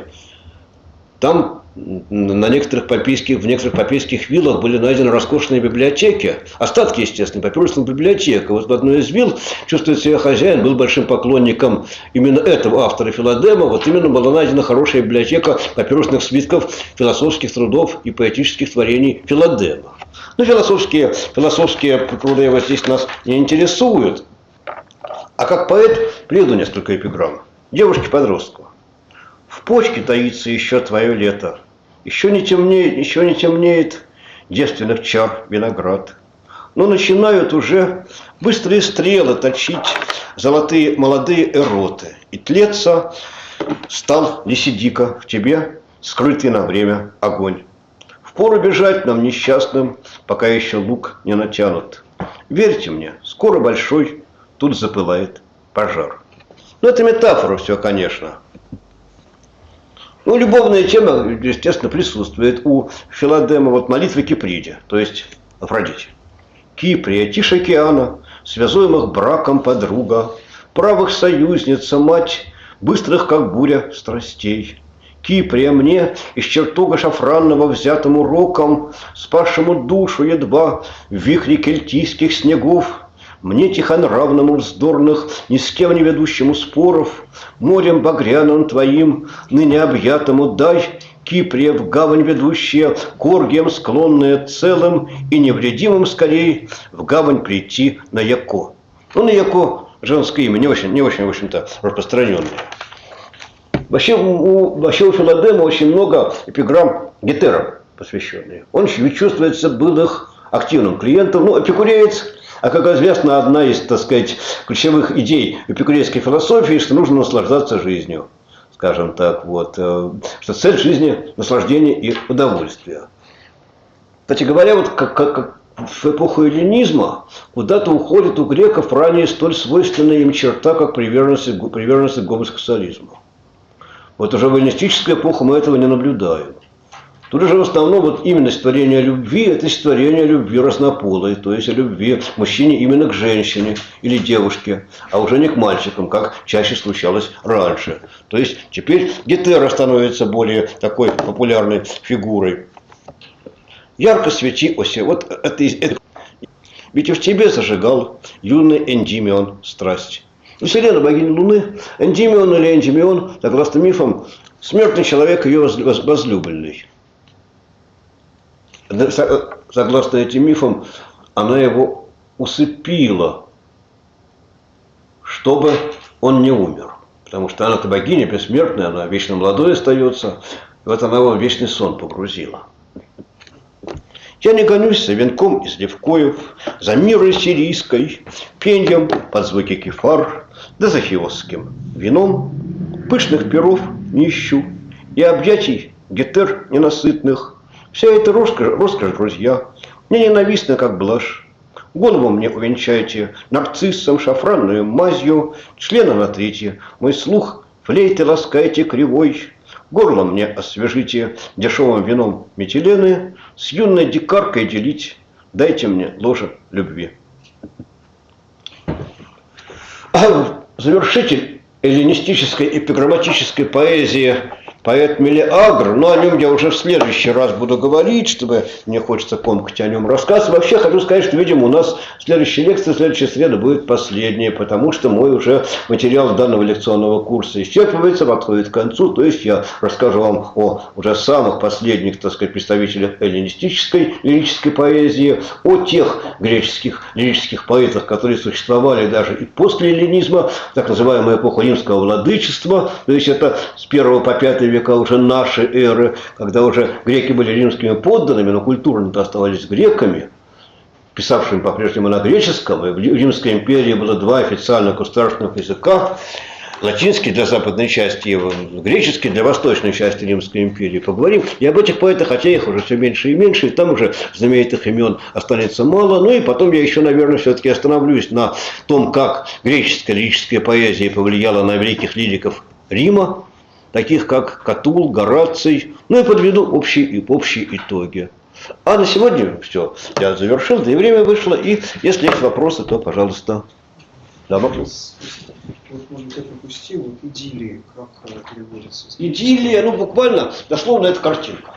там в некоторых попейских виллах были найдены роскошные библиотеки, остатки, естественно, папирусных библиотек. И вот в одной из вилл, чувствует себя хозяин, был большим поклонником именно этого автора Филодема. Вот именно была найдена хорошая библиотека папирусных свитков, философских трудов и поэтических творений Филодема. Ну, философские труды его здесь нас не интересуют. А как поэт приведу несколько эпиграмм. Девушке-подростку. В почке таится еще твое лето. Еще не темнеет девственных чар виноград. Но начинают уже быстрые стрелы точить золотые молодые эроты. И тлеться стал Лисидика в тебе, скрытый на время огонь. Впору бежать нам несчастным, пока еще лук не натянут. Верьте мне, скоро большой тут запылает пожар. Ну, это метафора все, конечно. Ну, любовная тема, естественно, присутствует у Филодема. Вот молитва Киприде, то есть Афродите. Киприя, тишь океана, связуемых браком подруга, правых союзница, мать, быстрых, как буря, страстей. Киприя мне из чертога шафранного взятому роком, спасшему душу едва в вихре кельтийских снегов, мне тихонравному вздорных, ни с кем не ведущему споров, морем багряным твоим, ныне объятому дай, Киприя в гавань ведущая, к оргиям склонная целым и невредимым скорей в гавань прийти на Яко. Ну, на Яко женское имя, не очень, в общем-то, распространенное. Вообще у Филодема очень много эпиграмм гетерам посвященных. Он чувствуется был их активным клиентом. Ну, эпикуреец. А как известно, одна из, так сказать, ключевых идей эпикурейской философии, что нужно наслаждаться жизнью, скажем так, вот, что цель жизни – наслаждение и удовольствие. Кстати говоря, вот как в эпоху эллинизма куда-то уходит у греков ранее столь свойственная им черта, как приверженность к гомосексуализму. Вот уже в эллинистическую эпоху мы этого не наблюдаем. Тут же в основном вот именно створение любви – это створение любви разнополой, то есть любви мужчине именно к женщине или девушке, а уже не к мальчикам, как чаще случалось раньше. То есть теперь гетера становится более такой популярной фигурой. Ярко свети, оси, вот это ведь и в тебе зажигал юный Эндимион страсть. Селена, богиня Луны, Эндимион или Эндимион, согласно мифам, смертный человек ее возлюбленный. Согласно этим мифам, она его усыпила, чтобы он не умер. Потому что она-то богиня бессмертная, она вечно молодой остается. И вот она его в вечный сон погрузила. Я не гонюсь за венком из левкоев, за мирой сирийской, пеньем под звуки кефар, да за хиосским вином. Пышных перов не ищу и объятий гетер ненасытных. Вся эта роскошь, друзья, мне ненавистна, как блажь. Голову мне увенчайте нарциссом, шафранную мазью, члена натрите, мой слух флейты ласкайте кривой. Горло мне освежите дешевым вином метилены, с юной дикаркой делить, дайте мне ложе любви. Завершитель эллинистической эпиграмматической поэзии поэт Мелиагр, но о нем я уже в следующий раз буду говорить, чтобы мне хочется комкать о нем рассказ. Вообще хочу сказать, что, видимо, у нас следующая лекция, следующая среда будет последняя, потому что мой уже материал данного лекционного курса исчерпывается, подходит к концу. То есть я расскажу вам о уже самых последних, так сказать, представителях эллинистической лирической поэзии, о тех греческих лирических поэтах, которые существовали даже и после эллинизма, так называемая эпоха римского владычества, то есть это с 1 по 5 века уже нашей эры, когда уже греки были римскими подданными, но культурно-то оставались греками, писавшими по-прежнему на греческом, и в Римской империи было два официальных государственных языка, латинский для западной части и греческий для восточной части Римской империи. Поговорим и об этих поэтах, хотя их уже все меньше и меньше, и там уже знаменитых имен останется мало. Ну и потом я еще, наверное, все-таки остановлюсь на том, как греческая лирическая поэзия повлияла на великих лириков Рима, таких как Катул, Гораций, ну и подведу общие итоги. А на сегодня все. Я завершил, да и время вышло. И если есть вопросы, то, пожалуйста. Да, вопрос. Вот, может быть, я пропустил, вот идиллии, как переводится? Идиллия, ну буквально, дословно, это картинка.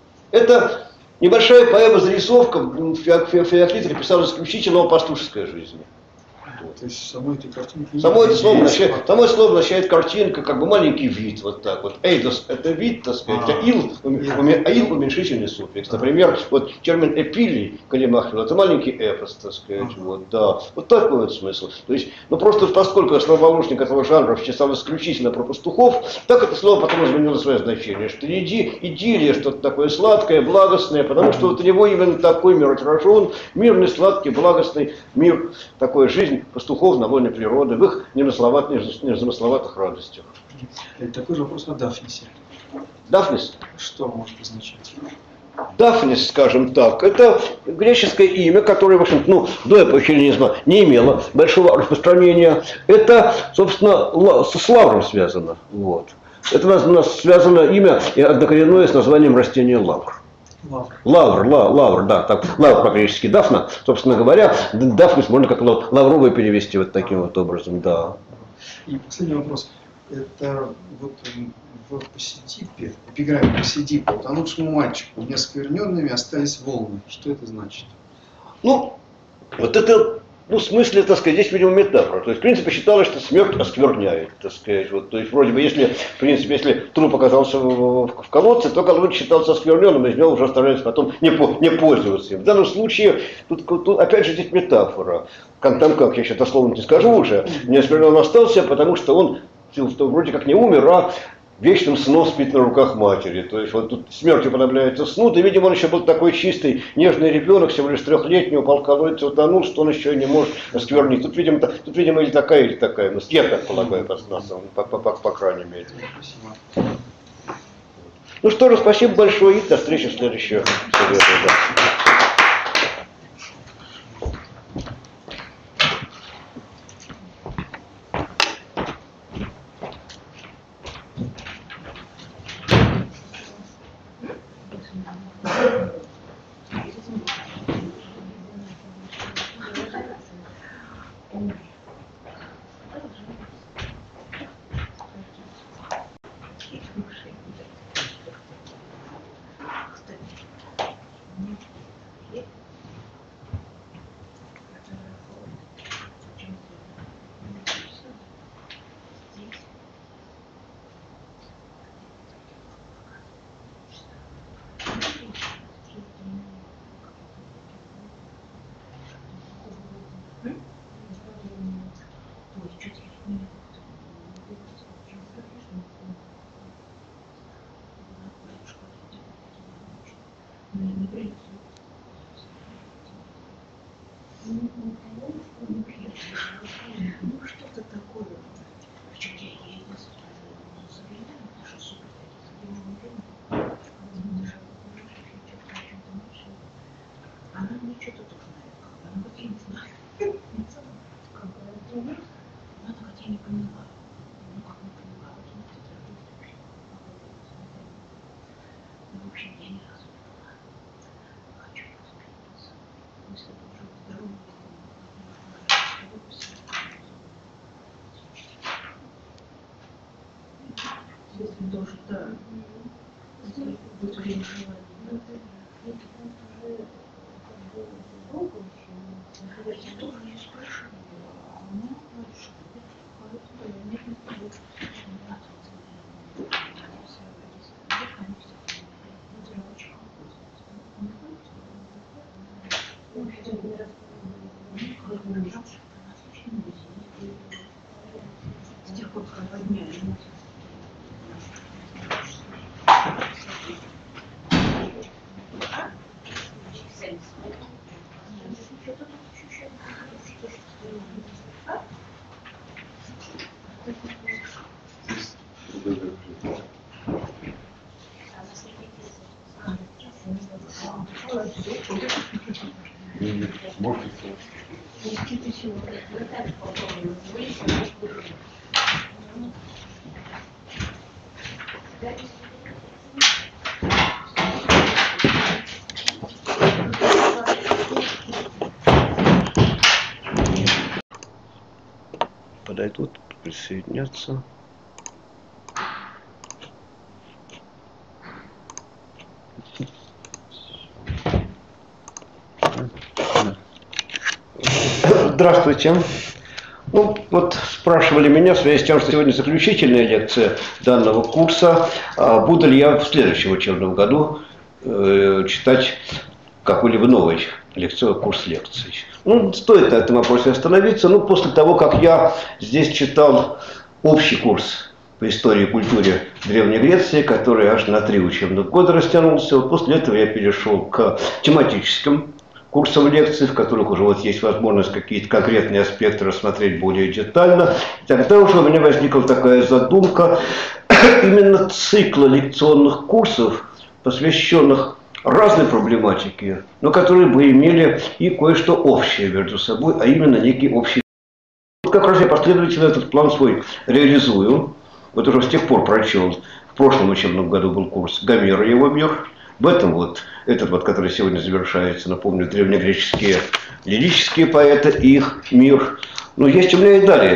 Это небольшая поэма-зарисовка, Феоклит писал исключительно о пастушеской жизни. То есть самой этой картинки... Само это слово означает картинка, как бы маленький вид, вот так вот. Эйдос – это вид, так сказать, аил – уменьшительный суффикс. Например, вот термин эпилий, Калимахер, это маленький эпос, так сказать, вот, да. Вот такой вот смысл. То есть, ну просто поскольку основоположник этого жанра писал исключительно про пастухов, так это слово потом изменило свое значение, что идиллия, что-то такое сладкое, благостное, потому что вот у него именно такой мир отражен, мирный, сладкий, благостный мир, такой жизнь пастухов на воле природы, в их незамысловатых радостях. Такой же вопрос о Дафнисе. Дафнис? Что может означать? Дафнис, скажем так, это греческое имя, которое, в общем, ну, до эпохи эллинизма не имело большого распространения. Это, собственно, с лавром связано. Вот. Это у нас связано имя однокоренное с названием растения лавр. Лавр, да, так, лавр по-гречески дафна, собственно говоря, дафнис можно как лавровый перевести вот таким вот образом, да. И последний вопрос. Это вот в Посидипе, в эпиграмме Посидипа, утонувшему мальчику неоскверненными остались волны. Что это значит? Ну, вот это, ну, в смысле, так сказать, здесь, видимо, метафора. То есть, в принципе, считалось, что смерть оскверняет, так сказать. Вот, то есть, вроде бы, если, в принципе, если труп оказался в колодце, то колодец считался оскверненным, и из него уже стараются потом не пользоваться им. В данном случае, тут опять же, здесь метафора. Там, как, я сейчас дословно не скажу уже, неоскверненным остался, потому что он вроде как не умер, а вечным сном спит на руках матери. То есть вот тут смертью подобляется сну. Да, видимо, он еще был такой чистый, нежный ребенок, всего лишь 3-летний, упал в колодец, утонул, что он еще и не может осквернить. Тут, видимо, или такая. Ну, я так полагаю, по крайней мере. Ну что же, спасибо большое и до встречи в следующую среду. Ну, что-то такое. Причем я единственное, заверяю, что супер она мне что-то тоже знает, она вообще не знает. Она хотя не поняла. Ну, как не поняла, ну, в общем, я ни разу не была. Хочу посмотреться. Если это уже здоровый, если тоже, да. Будет время желания. Я тоже не спрашивала, а она говорит, что с тех пор, как подняли. Подойдут, присоединятся. Здравствуйте. Ну, вот спрашивали меня в связи с тем, что сегодня заключительная лекция данного курса, буду ли я в следующем учебном году читать какой-либо новый курс лекций. Ну, стоит на этом вопросе остановиться. Ну, после того, как я здесь читал общий курс по истории и культуре Древней Греции, который аж на 3 учебных года растянулся, вот после этого я перешел к тематическим курсам лекций, в которых уже вот есть возможность какие-то конкретные аспекты рассмотреть более детально. И тогда уже у меня возникла такая задумка именно цикла лекционных курсов, посвященных разной проблематике, но которые бы имели и кое-что общее между собой, а именно некий общий. Вот как раз я последовательно этот план свой реализую. Вот уже с тех пор прочел, в прошлом учебном году был курс Гомера и его мир. В этом вот, этот вот, который сегодня завершается, напомню, древнегреческие лирические поэты и их мир. Но есть у меня и далее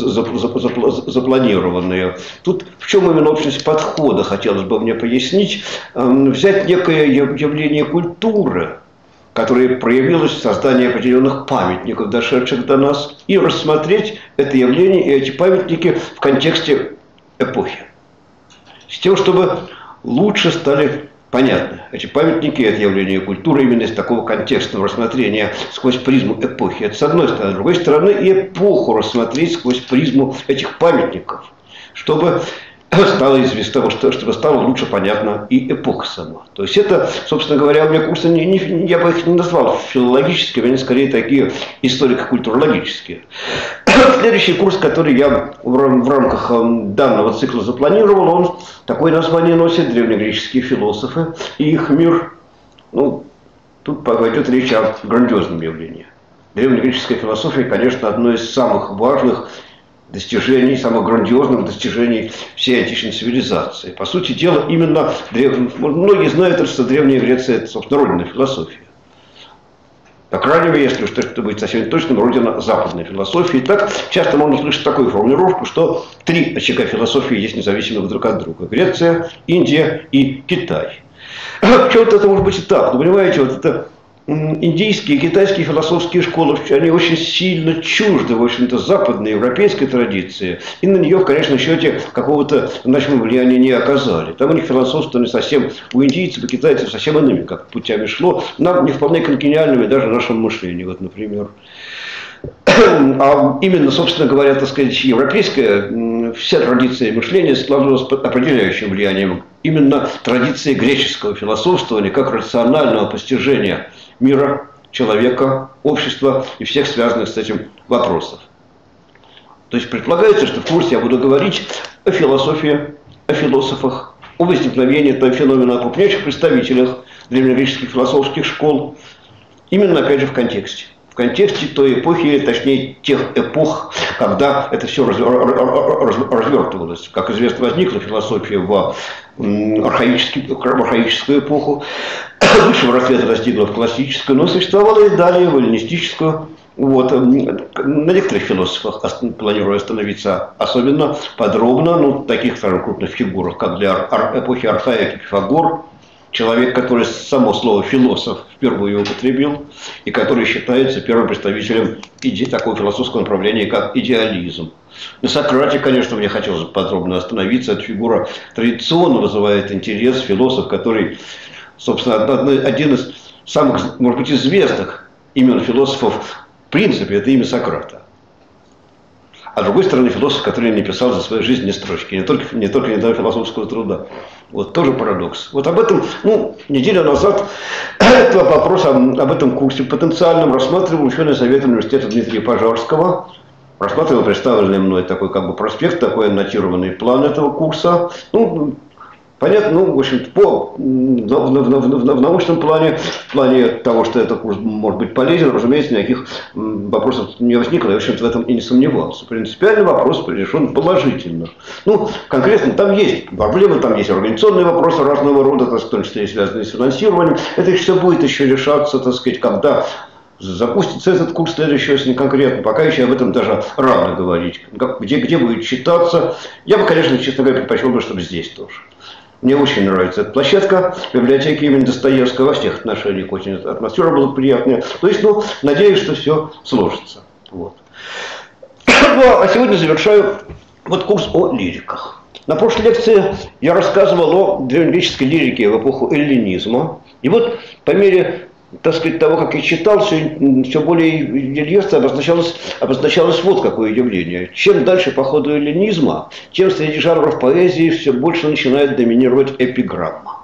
запланированные. Тут в чем именно общность подхода, хотелось бы мне пояснить. Взять некое явление культуры, которое проявилось в создании определенных памятников, дошедших до нас, и рассмотреть это явление и эти памятники в контексте эпохи. С тем, чтобы лучше стали понятны эти памятники, это явление культуры именно из такого контекстного рассмотрения сквозь призму эпохи. Это с одной стороны. С другой стороны, и эпоху рассмотреть сквозь призму этих памятников, чтобы стало известно, чтобы стало лучше понятна и эпоха сама. То есть это, собственно говоря, у меня курсы, я бы их не назвал филологическими, они скорее такие историко-культурологические. Следующий курс, который я в рамках данного цикла запланировал, он такое название носит: древнегреческие философы и их мир. Ну, тут пойдет речь о грандиозном явлении. Древнегреческая философия, конечно, одно из самых важных достижений, самых грандиозных достижений всей античной цивилизации. По сути дела, именно многие знают, что Древняя Греция – это, собственно, родина философии. По крайней мере, если уж это быть совсем точным, родина западной философии. Так часто можно слышать такую формулировку, что 3 очага философии есть независимых друг от друга: Греция, Индия и Китай. В чем-то это может быть и так, но понимаете, вот это индийские и китайские философские школы, они очень сильно чужды, в общем-то, западной европейской традиции, и на нее в конечном счете какого-то значимого влияния не оказали. Там у них философство не совсем, у индийцев и китайцев совсем иными как путями шло, нам не вполне конгениальными даже нашему мышлению, вот, например. А именно, собственно говоря, так сказать, европейская вся традиция мышления складывалась под определяющим влиянием именно традиции греческого философствования как рационального постижения мира, человека, общества и всех связанных с этим вопросов. То есть предполагается, что в курсе я буду говорить о философии, о философах, о возникновении этого феномена, о крупнейших представителях древнегреческих философских школ, именно, опять же, в контексте. В контексте той эпохи, точнее, тех эпох, когда это все развертывалось. Как известно, возникла философия в архаическую эпоху, высшего расцвета достигла в классическую, но существовала и далее в эллинистическую. Вот. На некоторых философах планирую остановиться особенно подробно, ну, таких, скажем, крупных фигурах, как для эпохи Архаики Пифагор, человек, который само слово «философ» впервые употребил, и который считается первым представителем такого философского направления, как идеализм. На Сократе, конечно, мне хотелось бы подробно остановиться. Эта фигура традиционно вызывает интерес. Философ, который, собственно, один из самых, может быть, известных имен философов в принципе, это имя Сократа. А с другой стороны, философ, который написал за свою жизнь не строчки, не только недавно философского труда. Вот тоже парадокс. Вот об этом, неделю назад этот вопрос об этом курсе потенциальном рассматривал ученый совет университета Дмитрия Пожарского. Рассматривал представленный мной такой как бы проспект, такой аннотированный план этого курса. Понятно, в общем, в научном плане, в плане того, что этот курс может быть полезен, разумеется, никаких вопросов не возникло, я, в общем-то, в этом и не сомневался. Принципиальный вопрос решен положительно. Конкретно там есть проблемы, там есть организационные вопросы разного рода, в том числе и связанные с финансированием. Это все будет еще решаться, так сказать, когда запустится этот курс следующий, если не конкретно. Пока еще об этом даже рано говорить. Где будет читаться. Я бы, конечно, честно говоря, предпочел бы, чтобы здесь тоже. Мне очень нравится эта площадка, библиотеки имени Достоевского во всех отношениях. Очень атмосфера была приятная. То есть, надеюсь, что все сложится. Вот. А сегодня завершаю курс о лириках. На прошлой лекции я рассказывал о древнегреческой лирике в эпоху эллинизма. И вот по мере, так сказать, того, как я читал, все более ясно обозначалось вот какое явление. Чем дальше по ходу эллинизма, тем среди жанров поэзии все больше начинает доминировать эпиграмма.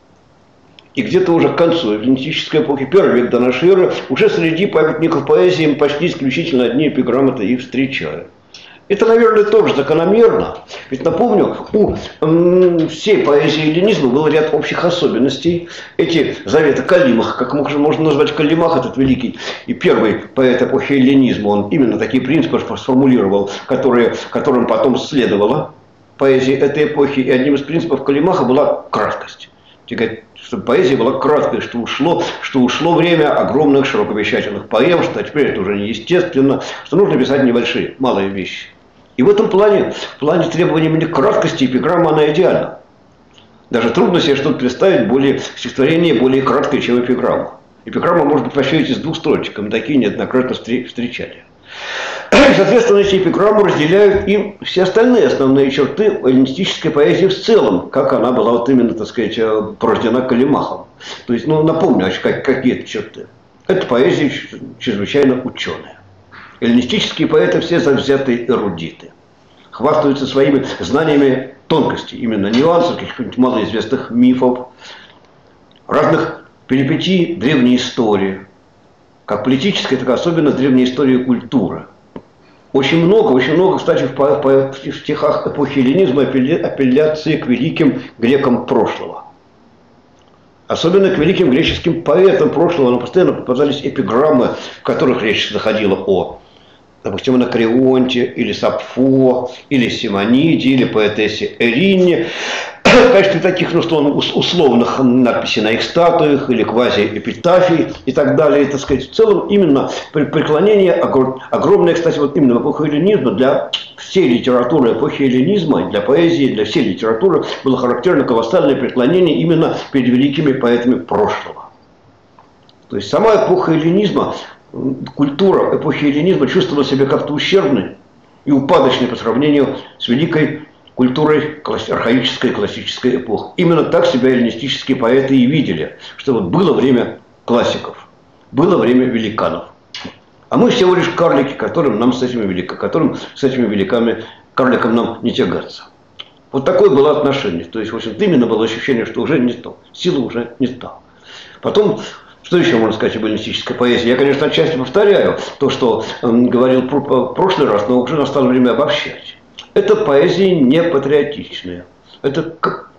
И где-то уже к концу эллинистической эпохи, первый век до нашей эры, уже среди памятников поэзии мы почти исключительно одни эпиграммы-то и встречаем. Это, наверное, тоже закономерно. Ведь напомню, у всей поэзии эллинизма был ряд общих особенностей. Эти заветы Каллимаха, как можно назвать Каллимах, этот великий и первый поэт эпохи эллинизма, он именно такие принципы сформулировал, которым потом следовала поэзия этой эпохи. И одним из принципов Каллимаха была краткость. Чтобы поэзия была краткой, что ушло время огромных широковещательных поэм, что теперь это уже неестественно, что нужно писать небольшие, малые вещи. И в этом плане, требования именно краткости, эпиграмма, она идеальна. Даже трудно себе что-то представить стихотворение более краткое, чем эпиграмма. Эпиграмма может быть вообще из двух строчек, мы такие неоднократно встречали. Соответственно, эти эпиграммы разделяют и все остальные основные черты эллинистической поэзии в целом, как она была именно, так сказать, порождена Каллимахом. То есть, напомню, какие это черты. Это поэзия чрезвычайно ученая. Эллинистические поэты все завзятые эрудиты. Хвастаются своими знаниями тонкостей, именно нюансов, каких-нибудь малоизвестных мифов, разных перипетий древней истории. Как политической, так и особенно древней истории культуры. Очень много, кстати, в стихах эпохи эллинизма апелляции к великим грекам прошлого. Особенно к великим греческим поэтам прошлого, но постоянно попадались эпиграммы, в которых речь заходила о, допустим, Анакреонте, или Сапфо, или Симониде, или поэтессе Эрине. В качестве таких, условных надписей на их статуях или квази-эпитафий и так далее. И, так сказать, в целом именно преклонение огромное, кстати, именно в эпоху эллинизма для всей литературы эпохи эллинизма, для поэзии, для всей литературы было характерно колоссальное преклонение именно перед великими поэтами прошлого. То есть сама эпоха эллинизма, культура эпохи эллинизма чувствовала себя как-то ущербной и упадочной по сравнению с великой культурой архаической классической эпохи. Именно так себя эллинистические поэты и видели, что было время классиков, было время великанов. А мы всего лишь карлики, которым с этими великами карликам нам не тягаться. Вот такое было отношение. То есть, в общем-то, именно было ощущение, что уже не то. Силы уже не стало. Потом, что еще можно сказать об эллинистической поэзии? Я, конечно, отчасти повторяю то, что говорил в прошлый раз, но уже настало время обобщать. Это поэзия не патриотичная. Это,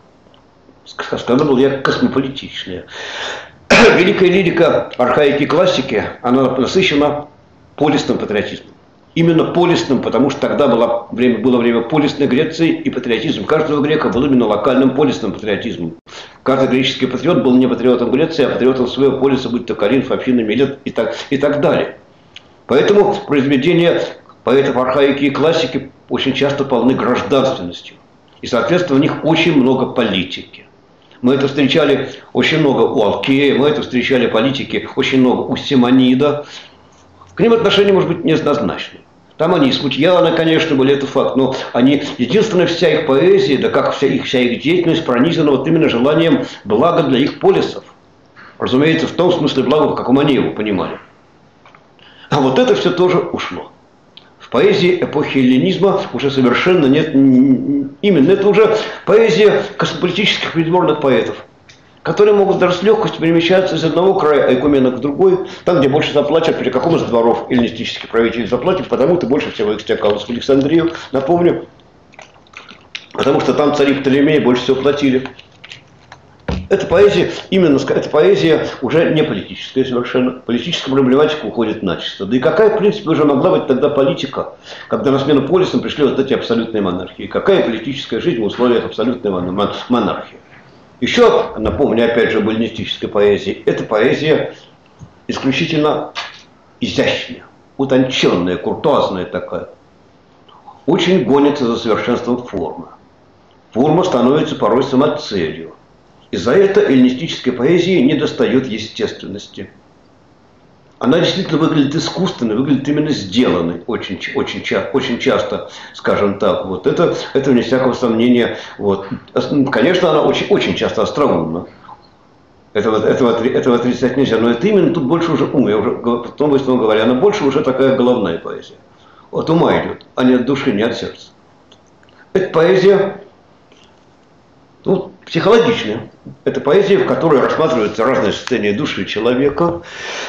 сказано я, космополитичная. Великая лирика архаики и классики, она насыщена полисным патриотизмом. Именно полисным, потому что тогда было время полисной Греции, и патриотизм каждого грека был именно локальным полисным патриотизмом. Каждый греческий патриот был не патриотом Греции, а патриотом своего полиса, будь то Коринф, Афины, Милет и так далее. Поэтому произведения поэтов архаики и классики очень часто полны гражданственностью. И, соответственно, в них очень много политики. Мы это встречали очень много у Алкея, мы это встречали политики очень много у Симонида. К ним отношения, может быть, неоднозначны. Там они и смутьяны, конечно, были, это факт, но они, единственная вся их поэзия, да как вся их деятельность пронизана вот именно желанием блага для их полисов. Разумеется, в том смысле блага, в каком они его понимали. А вот это все тоже ушло. В поэзии эпохи эллинизма уже совершенно нет, именно это уже поэзия космополитических придворных поэтов, которые могут даже с легкостью перемещаться из одного края айкумена к другой, там, где больше заплатят, при каком из дворов эллинистических правителей заплатят, потому-то больше всего их стекалось в Александрию, напомню, потому что там цари Птолемея больше всего платили. Эта поэзия, эта поэзия уже не политическая совершенно. Политическая проблематика уходит начисто. Да и какая, в принципе, уже могла быть тогда политика, когда на смену полисам пришли вот эти абсолютные монархии? Какая политическая жизнь в условиях абсолютной монархии? Еще, напомню, опять же, об эллинистической поэзии. Это поэзия исключительно изящная, утонченная, куртуазная такая. Очень гонится за совершенством формы. Форма становится порой самоцелью. И за это эллинистической поэзии недостает естественности. Она действительно выглядит искусственной, выглядит именно сделанной, очень часто, скажем так. Вот это вне всякого сомнения. Вот. Конечно, она очень часто остроумна. Этого отрицать нельзя, но это именно тут больше уже ум. Я уже потом говоря, она больше уже такая головная поэзия. От ума идет, а не от души, не от сердца. Это поэзия психологичная. Это поэзия, в которой рассматриваются разные состояния души человека,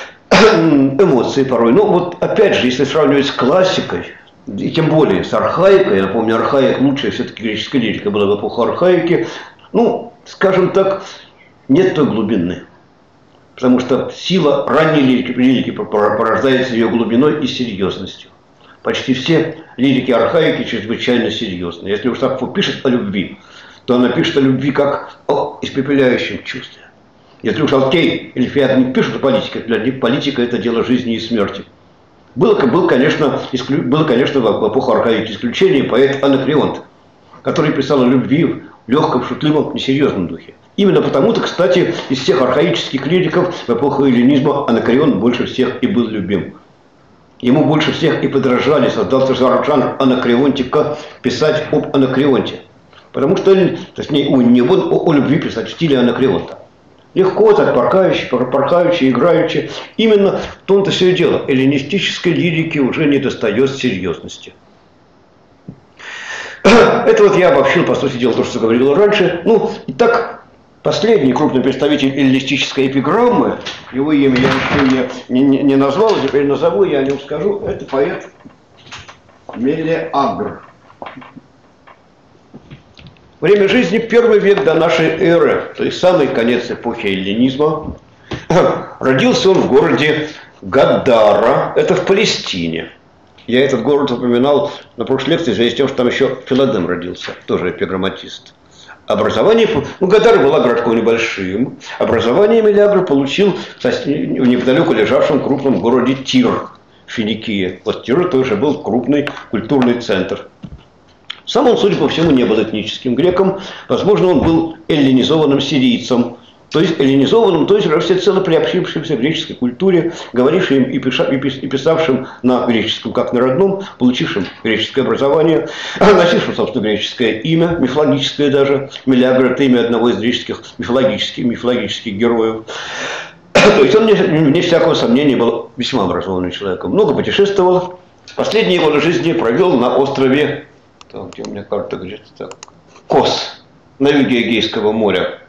эмоции порой. Но вот опять же, если сравнивать с классикой, и тем более с архаикой, я напомню, архаик лучшая все-таки греческая лирика была в эпоху архаики, скажем так, нет той глубины. Потому что сила ранней лирики порождается ее глубиной и серьезностью. Почти все лирики архаики чрезвычайно серьезны. Если уж Сафо пишет о любви, то она пишет о любви как о испепеляющем чувстве. Если уж Алкей или Феод не пишут о политике, для них политика – это дело жизни и смерти. Было, конечно, в эпоху архаики исключение поэт Анакреонт, который писал о любви в легком, шутливом, несерьезном духе. Именно потому-то, кстати, из всех архаических лириков в эпоху эллинизма Анакреонт больше всех и был любим. Ему больше всех и подражали, создался жанр анакреонтика, писать об Анакреонте. Потому что, точнее, о любви писать в стиле Анакреонта. Легко, так порхаючи, играючи. Именно в том-то все и дело. Эллинистической лирике уже не достает серьезности. Это вот я обобщил, по сути дела, то, что говорил раньше. Итак, последний крупный представитель эллинистической эпиграммы, его имя я еще не назвал, теперь назову, я о нем скажу, это поэт Мелеагр. Время жизни первый век до нашей эры, то есть самый конец эпохи эллинизма. Родился он в городе Гадара, это в Палестине. Я этот город упоминал на прошлой лекции, в связи с тем, что там еще Филадем родился, тоже эпиграмматист. Образование, Гадара была городком небольшим. Образование Мелеагр получил в неподалеку лежавшем крупном городе Тир, Финикия. Вот Тир тоже был крупный культурный центр. Сам он, судя по всему, не был этническим греком. Возможно, он был эллинизованным сирийцем. То есть эллинизованным, то есть всецело приобщившимся к греческой культуре, говорившим и писавшим на греческом, как на родном, получившим греческое образование, носившим, собственно, греческое имя, мифологическое даже. Мелеагр – это имя одного из греческих мифологических героев. То есть он, вне всякого сомнения, был весьма образованным человеком. Много путешествовал. Последние годы жизни провел на острове, там, где у меня карта где-то так, Кос на юге Эгейского моря.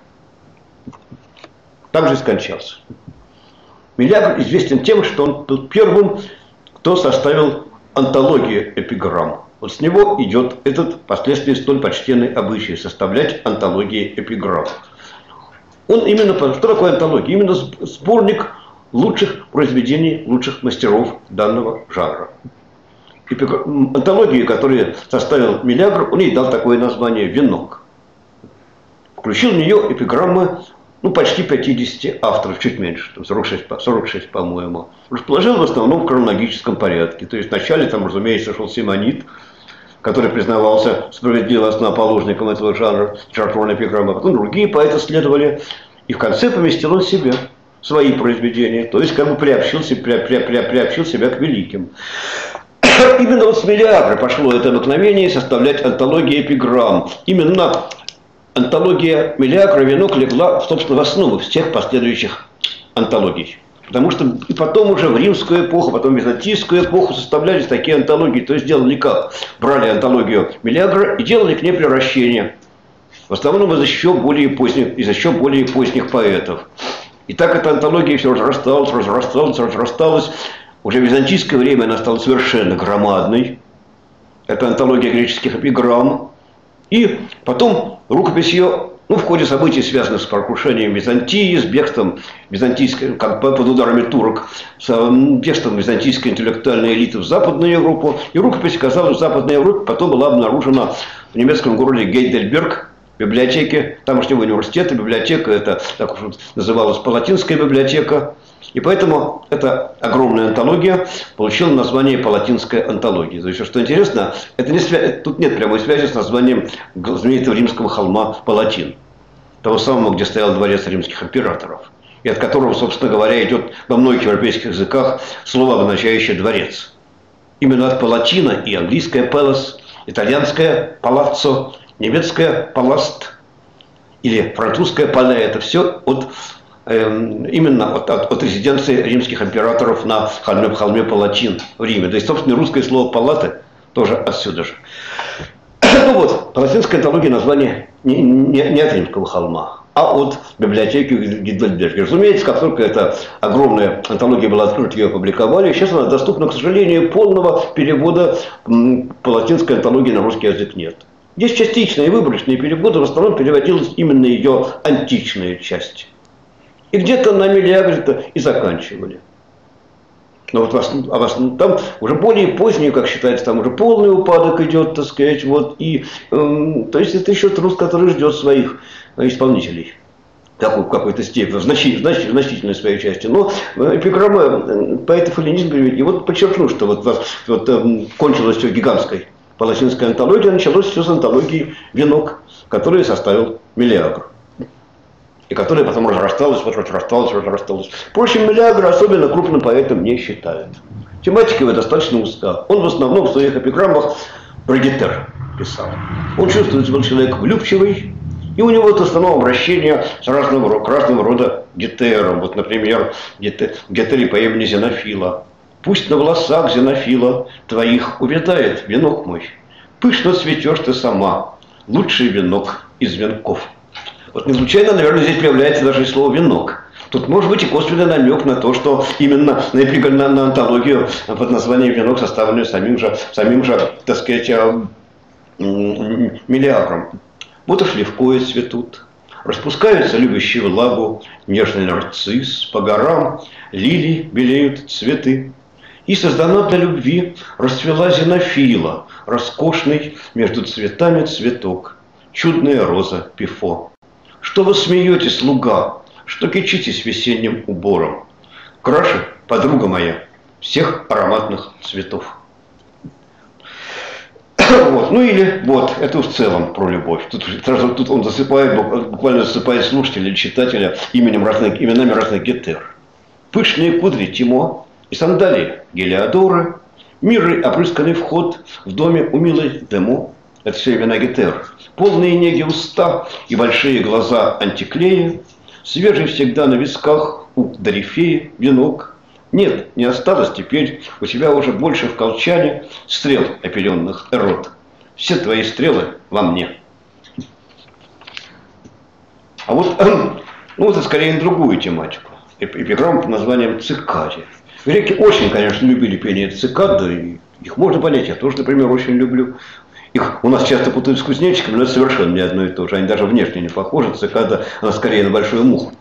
Там же скончался. Мелиагр известен тем, что он был первым, кто составил антологию эпиграмм. Вот с него идет этот впоследствии столь почтенный обычай составлять антологии эпиграмм. Он именно, что такое антология? Именно сборник лучших произведений, лучших мастеров данного жанра. Антологию, которую составил Мелиагр, он ей дал такое название «Венок». Включил в нее эпиграммы почти 50 авторов, чуть меньше, 46 по-моему. Расположил в основном в хронологическом порядке. То есть вначале там, разумеется, шел Симонид, который признавался справедливо основоположником этого жанра литературной эпиграммы. Потом другие поэты следовали. И в конце поместил он себе свои произведения. То есть как бы приобщил себя к великим. Именно вот с Мелиагра пошло это обыкновение составлять антологии эпиграмм. Именно антология Мелиагра «Венок» легла, собственно, в основу всех последующих антологий. Потому что и потом уже в римскую эпоху, потом в византийскую эпоху составлялись такие антологии. То есть делали как? Брали антологию Мелиагра и делали к ней превращение. В основном из еще более поздних поэтов. И так эта антология все разрасталась. Уже в византийское время она стала совершенно громадной. Это антология греческих эпиграмм. И потом рукопись ее, в ходе событий, связанных с прокрушением Византии, с бегством византийской, под ударами турок, с бегством византийской интеллектуальной элиты в Западную Европу. И рукопись оказалась в Западной Европе, потом была обнаружена в немецком городе Гейдельберг, в библиотеке тамошнего университета. Библиотека это, так уж называлась, Палатинская библиотека. И поэтому эта огромная антология получила название «Палатинская антология». То есть, что интересно, тут нет прямой связи с названием знаменитого римского холма Палатин. Того самого, где стоял дворец римских императоров. И от которого, собственно говоря, идет во многих европейских языках слово, обозначающее «дворец». Именно от Палатина и английское «palace», итальянское «palazzo», немецкое «palast» или французское «palais». Это все именно от резиденции римских императоров на холме Палатин в Риме. Да и, собственно, русское слово «палаты» тоже отсюда же. Палатинская антология название не от римского холма, а от библиотеки Гейдельберга. Разумеется, как только эта огромная антология была открыта, ее опубликовали. Сейчас она доступна, к сожалению, полного перевода палатинской антологии на русский язык нет. Есть частичные выборочные переводы, в основном переводилась именно ее античная часть. И где-то на Мелиагре-то и заканчивали. Но там уже более поздние, как считается, там уже полный упадок идет, так сказать. То есть это еще труд, который ждет своих исполнителей. В какой-то степени, в значительной своей части. Но эпиграммы поэтов эллинизма, и вот подчеркну, что кончилось все гигантской палатинской антологией, началось все с антологии «Венок», которую составил Мелиагр. И которая потом разрасталась. Впрочем, Мелиагр особенно крупным поэтом не считают. Тематика его достаточно узка. Он в основном в своих эпиграммах про гетер писал. Он чувствует себя человек влюбчивый, и у него в основном обращение с разного рода гетером. Вот, например, гетере по имени Зенофила. «Пусть на волосах, Зенофила, твоих увядает венок мой. Пышно цветешь ты сама, лучший венок из венков». Вот не случайно, наверное, здесь появляется даже и слово «венок». Тут может быть и косвенный намек на то, что именно на антологию под названием «Венок», составленную самим же, так сказать, Мелиагром. Вот уж левкои цветут, распускаются любящие влагу, нежный нарцисс, по горам лилии белеют цветы. И создана для любви расцвела Зенофила, роскошный между цветами цветок, чудная роза Пифо. Что вы смеетесь, луга, что кичитесь весенним убором? Краше, подруга моя, всех ароматных цветов. Это в целом про любовь. Тут он буквально засыпает слушателя или читателя именами разных гетер. Пышные кудри Тимо и сандалии Гелиодоры, мирный опрысканный вход в доме у милой Демо. Это все имена гетер. Полные неги уста и большие глаза Антиклея, свежий всегда на висках у Дорифея венок. Нет, не осталось теперь у тебя уже больше в колчане стрел опеленных эрот. Все твои стрелы во мне. А вот, ну, вот это скорее на другую тематику. Эпиграмма под названием «Цикаде». Греки очень, конечно, любили пение цикад, и их можно понять. Я тоже, например, очень люблю. Их у нас часто путают с кузнечиками, но это совершенно не одно и то же. Они даже внешне не похожи. Цикада, она скорее на большую муху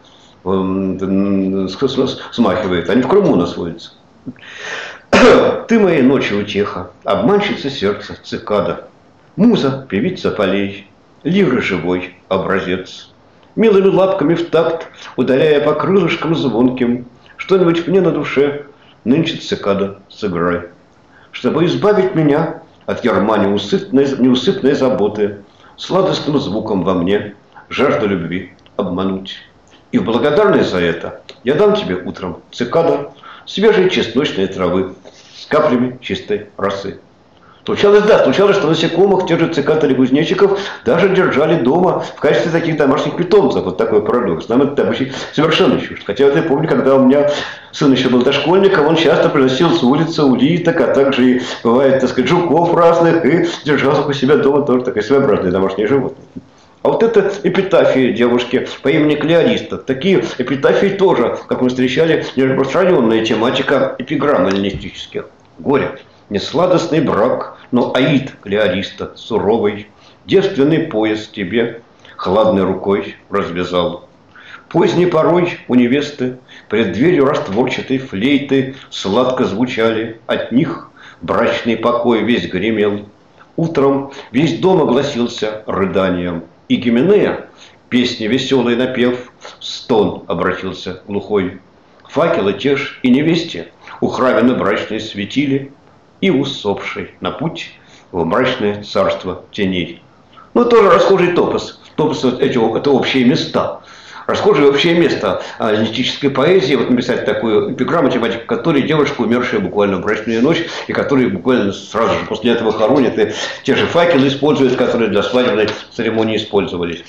смахивает. Они в Крыму у нас водятся. Ты моей ночи утеха, обманщица сердца, цикада. Муза, певица полей, лиры живой образец. Милыми лапками в такт, ударяя по крылышкам звонким, что-нибудь мне на душе, нынче цикада, сыграй. Чтобы избавить меня от ярма неусыпной заботы, сладостным звуком во мне жажду любви обмануть. И в благодарность за это я дам тебе утром цикада свежей чесночной травы с каплями чистой росы. Случалось, что насекомых, тех же цикад или кузнечиков, даже держали дома в качестве таких домашних питомцев. Вот такой парадокс. Нам это обычно совершенно чуждо. Хотя вот я помню, когда у меня сын еще был дошкольником, он часто приносил с улицы улиток, а также и, бывает, так сказать, жуков разных, и держал их у себя дома, тоже такое своеобразное домашнее животное. А вот это эпитафии девушки по имени Клеориста. Такие эпитафии тоже, как мы встречали, нераспространенная тематика эпиграмм эллинистических. Горе. Несладостный брак, но аид Клеориста, суровый, девственный пояс тебе хладной рукой развязал. Поздней порой у невесты пред дверью растворчатой флейты сладко звучали, от них брачный покой весь гремел. Утром весь дом огласился рыданием, и Гименея, песни веселый напев, в стон обратился глухой. Факелы те ж и невесте у храмины брачной светили, и усопший на путь в мрачное царство теней. Ну, тоже расхожий топос. Топос – это общие места. Расхожее общее место эллинистической поэзии. Вот написать такую эпиграмму, тематика которой девушка, умершая буквально в брачную ночь, и которые буквально сразу же после этого хоронят, и те же факелы используют, которые для свадебной церемонии использовались.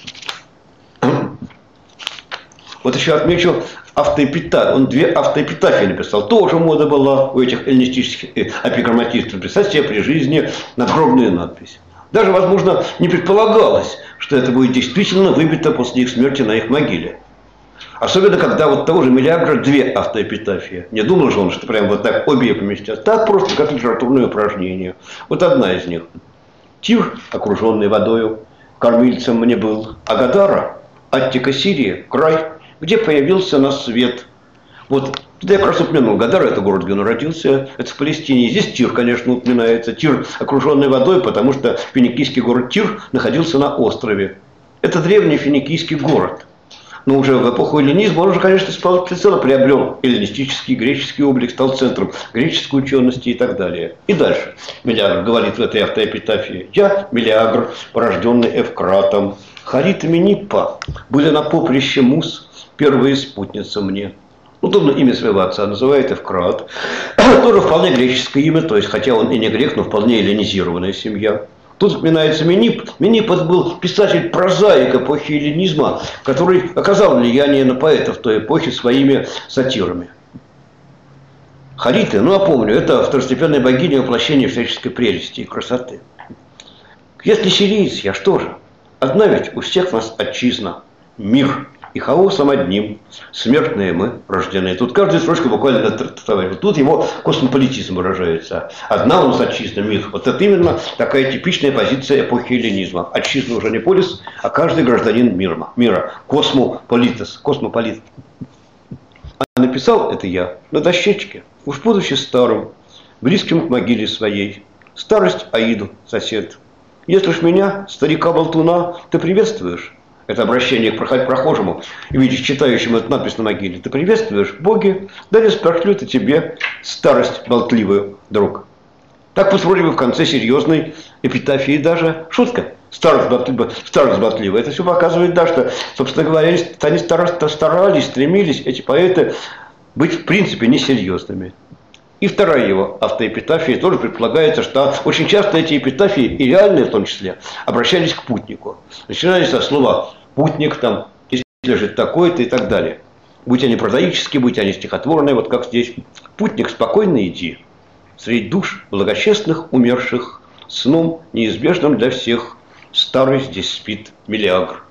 Вот еще отмечу автоэпитафию. Он 2 автоэпитафии написал. Тоже мода была у этих эллинистических эпиграмматистов писать себе при жизни надгробную надпись. Даже, возможно, не предполагалось, что это будет действительно выбито после их смерти на их могиле. Особенно, когда вот того же Мелиагра 2 автоэпитафии. Не думал же он, что прям вот так обе поместят. Так просто, как литературное упражнение. Вот одна из них. Тир, окруженный водою, кормильцем мне был. А Гадара, Аттика Сирии, край, где появился на свет. Вот туда я как раз упомянул. Гадара – это город, где он родился, это в Палестине. Здесь Тир, конечно, упоминается. Тир, окруженный водой, потому что финикийский город Тир находился на острове. Это древний финикийский город. Но уже в эпоху эллинизма он уже, конечно, всецело приобрел эллинистический греческий облик, стал центром греческой учености и так далее. И дальше Мелиагр говорит в этой автоэпитафии: «Я, Мелиагр, порожденный Эвкратом, Харит и Мениппа были на поприще Мус, первые спутницы мне». Удобно имя своего отца называет Эвкрат. Тоже вполне греческое имя, то есть, хотя он и не грек, но вполне эллинизированная семья. Тут упоминается Менип. Менип был писатель-прозаик эпохи эллинизма, который оказал влияние на поэтов той эпохи своими сатирами. Хариты, ну напомню, это второстепенная богиня воплощения всяческой прелести и красоты. Если сириец, я что же? Одна ведь у всех нас отчизна, мир. И хаосом одним, смертные мы рождены. Тут каждая строчка буквально товарищ. Тут его космополитизм выражается. Одна у нас отчизна, мир. Вот это именно такая типичная позиция эпохи эллинизма. Отчизна уже не полис, а каждый гражданин мира. Космополитес. Космополит. А написал это я на дощечке, уж будучи старым, близким к могиле своей. Старость Аиду, сосед. Если ж меня, старика-болтуна, ты приветствуешь, это обращение к прохожему, видишь, читающему эту надпись на могиле. Ты приветствуешь, боги, да не спошлют и тебе старость болтливую, друг. Так вот вроде бы в конце серьезной эпитафии даже шутка. Старость болтливая. Это все показывает, да, что, собственно говоря, они старались, стремились, эти поэты, быть в принципе несерьезными. И вторая его автоэпитафия тоже предполагается, что очень часто эти эпитафии, и реальные в том числе, обращались к путнику. Начинались со слова «путник», там, «здесь лежит такой-то» и так далее. Будь они прозаические, будь они стихотворные, вот как здесь. «Путник, спокойно иди, среди душ благочестных умерших, сном неизбежным для всех, старый здесь спит Мелиагр.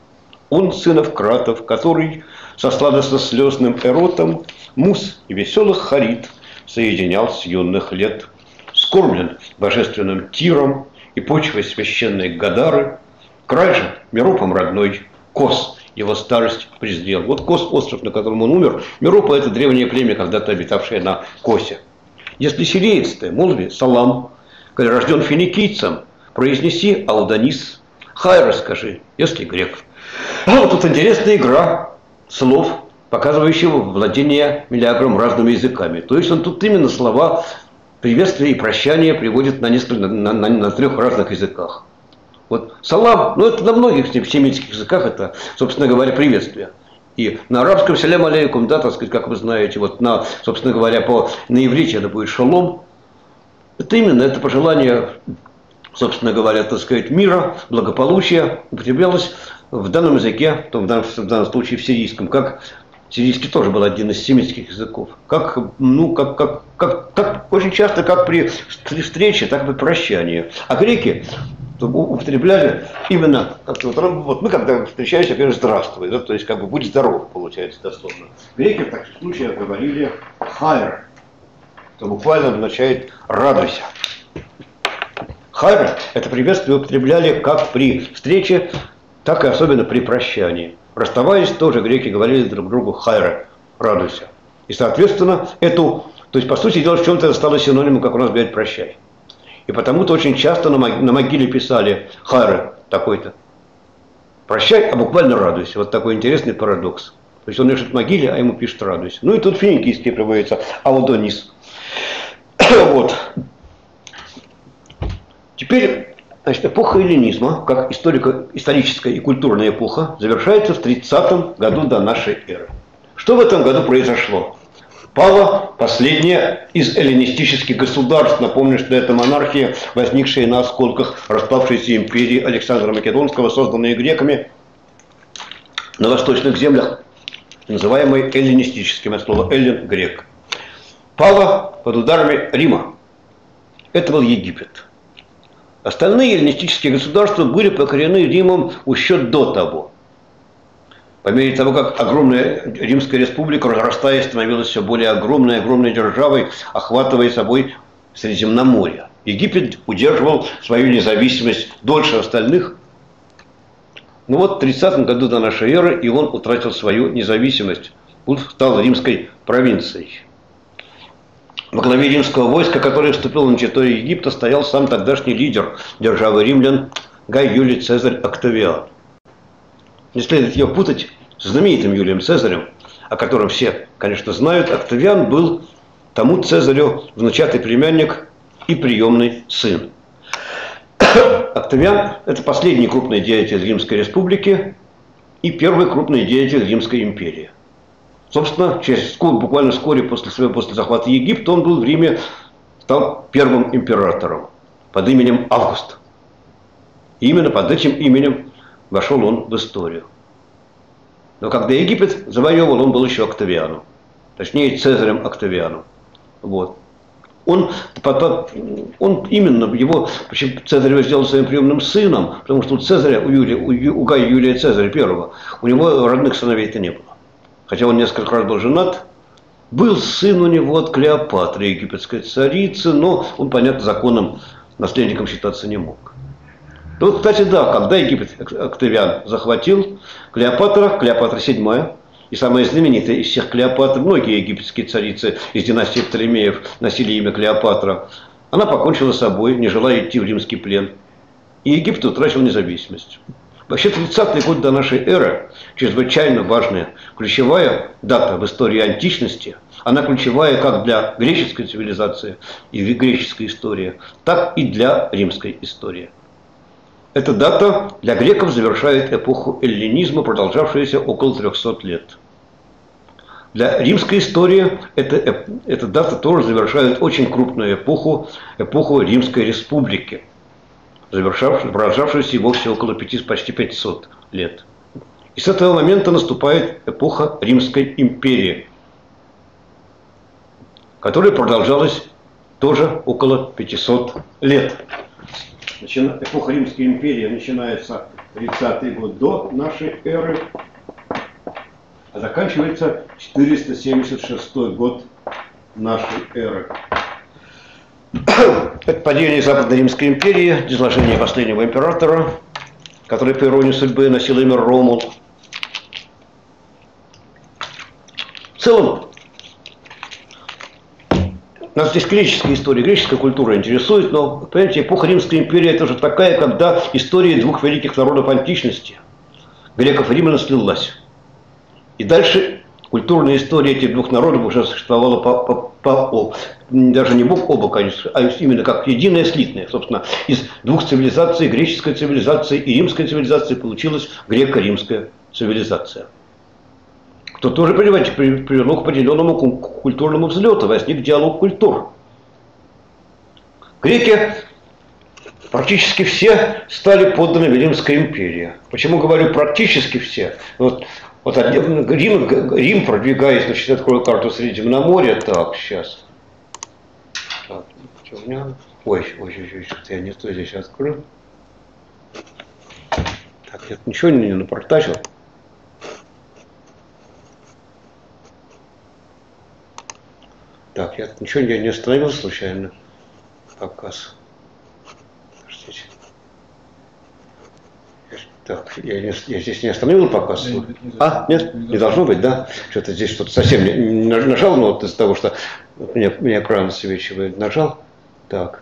Он сынов кратов, который со сладостно-слезным эротом мус и веселых харит соединял с юных лет. Скормлен божественным тиром и почвой священной Гадары, край же Меропом родной, Кос его старость презрел. Вот Кос, остров, на котором он умер, Меропа — это древнее племя, когда-то обитавшее на Косе. Если сириец ты, молви салам, коли рожден финикийцем, произнеси аудонис, хай расскажи, если грек. А вот тут интересная игра слов, показывающего владение Мелиагром разными языками. То есть он тут именно слова приветствия и прощания приводит на трех разных языках. Вот салам, ну это на многих семитских языках, это, собственно говоря, приветствие. И на арабском салям алейкум, да, так сказать, как вы знаете, вот на, собственно говоря, на иврите это будет шалом. Это именно, это пожелание, собственно говоря, так сказать, мира, благополучия употреблялось в данном языке, в данном случае в сирийском, как сирийский тоже был один из семитских языков. Как очень часто, как при встрече, так и при прощании. А греки употребляли именно, вот мы когда встречаемся, например, здравствуй, да, то есть как бы будь здоров, получается дословно. Греки в таких случаях говорили хайр, что буквально означает радуйся. Хайр — это приветствие употребляли как при встрече, так и особенно при прощании. Расставаясь, тоже греки говорили друг другу хайра, радуйся. И, соответственно, то есть, по сути дела, в чем-то это стало синонимом, как у нас говорят, прощай. И потому-то очень часто на могиле писали хайра такой-то. Прощай, а буквально радуйся. Вот такой интересный парадокс. То есть он пишет могиле, а ему пишет радуйся. Ну и тут финикийский приводится аудонис. Вот. Теперь, значит, эпоха эллинизма, как историческая и культурная эпоха, завершается в 30-м году до нашей эры. Что в этом году произошло? Пала последняя из эллинистических государств. Напомню, что это монархия, возникшая на осколках распавшейся империи Александра Македонского, созданные греками на восточных землях, называемой эллинистическим, от слова эллин — грек. Пала под ударами Рима. Это был Египет. Остальные эллинистические государства были покорены Римом еще до того. По мере того, как огромная Римская республика, разрастаясь, становилась все более огромной державой, охватывая собой Средиземноморье. Египет удерживал свою независимость дольше остальных. Но вот в 30-м году до нашей эры и он утратил свою независимость. Он стал римской провинцией. Во главе римского войска, которое вступило на территорию Египта, стоял сам тогдашний лидер державы римлян Гай Юлий Цезарь Октавиан. Не следует ее путать с знаменитым Юлием Цезарем, о котором все, конечно, знают. Октавиан был тому Цезарю внучатый племянник и приемный сын. Октавиан – это последний крупный деятель Римской республики и первый крупный деятель Римской империи. Собственно, буквально вскоре после захвата Египта он был в Риме, стал первым императором под именем Август. И именно под этим именем вошел он в историю. Но когда Египет завоевывал, он был еще Октавианом. Точнее, Цезарем Октавианом. Вот. Он именно, Цезарь его сделал своим приемным сыном, потому что у Гая Юлия Цезаря I, у него родных сыновей-то не было. Хотя он несколько раз был женат, был сын у него от Клеопатры, египетской царицы, но он, понятно, законным наследником считаться не мог. Вот, кстати, да, когда Египет Октавиан захватил, Клеопатра VII, и самая знаменитая из всех Клеопатр, многие египетские царицы из династии Птолемеев носили имя Клеопатра, она покончила с собой, не желая идти в римский плен. И Египет утратил независимость. Вообще 30-й год до нашей эры чрезвычайно важная, ключевая дата в истории античности. Она ключевая как для греческой цивилизации и греческой истории, так и для римской истории. Эта дата для греков завершает эпоху эллинизма, продолжавшуюся около 300 лет. Для римской истории эта дата тоже завершает очень крупную эпоху Римской республики, продолжавшуюся и вовсе около почти 500 лет. И с этого момента наступает эпоха Римской империи, которая продолжалась тоже около 500 лет. Эпоха Римской империи начинается 30-й год до нашей эры, а заканчивается 476 год нашей эры. Это падение Западной Римской империи, изложение последнего императора, который по иронии судьбы носил имя Ромул. В целом, нас здесь греческая история, греческая культура интересует, но, понимаете, эпоха Римской империи – это уже такая, когда история двух великих народов античности, греков и римлян, слилась. И дальше культурная история этих двух народов уже существовала даже не бок о бок, конечно, а именно как единая слитная. Собственно, из двух цивилизаций, греческой цивилизации и римской цивилизации, получилась греко-римская цивилизация. Что тоже, понимаете, привело к определенному культурному взлету, возник диалог культур. Греки практически все стали подданными Римской империи. Почему говорю практически все? Вот Рим, продвигаясь, значит, открою карту Средиземноморья. Так, сейчас. Так, что у меня? Ой, что-то я не то здесь открыл. Так, я ничего не напортачил. Так, я ничего не остановил случайно. Показ. Подождите. Так, я здесь не остановил показ. Нет? Не должно быть, да? Что-то здесь что-то совсем не нажал, но вот из-за того, что меня экран засвечивает, нажал. Так.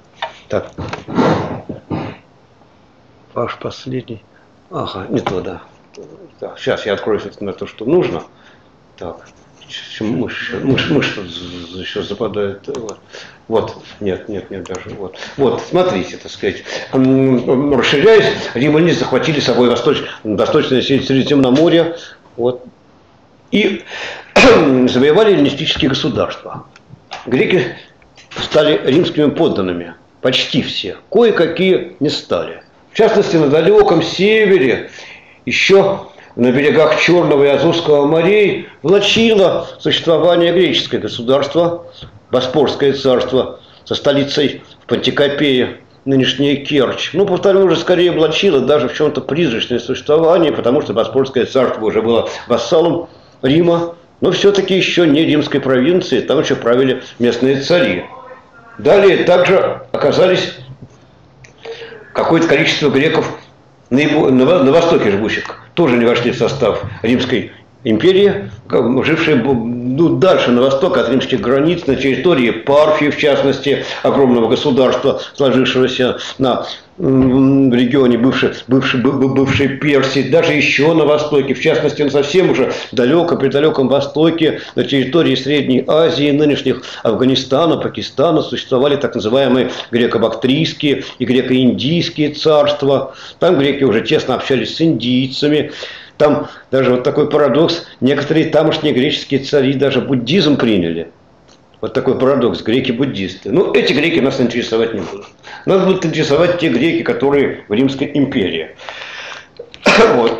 Ваш последний. Ага, не то, да. Так, сейчас я открою на то, что нужно. Так. Мышь еще западает. Вот. Нет, даже вот. Вот, смотрите, так сказать. Расширяясь, римляне захватили с собой восточное Средиземноморье. Вот. И завоевали эллинистические государства. Греки стали римскими подданными. Почти все. Кое-какие не стали. В частности, на далеком севере еще на берегах Черного и Азовского морей влачило существование греческое государство, Боспорское царство, со столицей в Пантикопее, нынешняя Керчь. Ну, повторю, уже скорее влачило даже в чем-то призрачное существование, потому что Боспорское царство уже было вассалом Рима, но все-таки еще не римской провинции, там еще правили местные цари. Далее также оказались какое-то количество греков на востоке живущих, тоже не вошли в состав Римской империи, жившие дальше на восток от римских границ, на территории Парфии, в частности, огромного государства, сложившегося в регионе бывшей Персии, даже еще на востоке, в частности, на совсем уже при далеком востоке, на территории Средней Азии, нынешних Афганистана, Пакистана, существовали так называемые греко-бактрийские и греко-индийские царства. Там греки уже тесно общались с индийцами. Там даже вот такой парадокс, некоторые тамошние греческие цари даже буддизм приняли. Вот такой парадокс, греки-буддисты. Ну, эти греки нас интересовать не будут. Нас будут интересовать те греки, которые в Римской империи. Вот.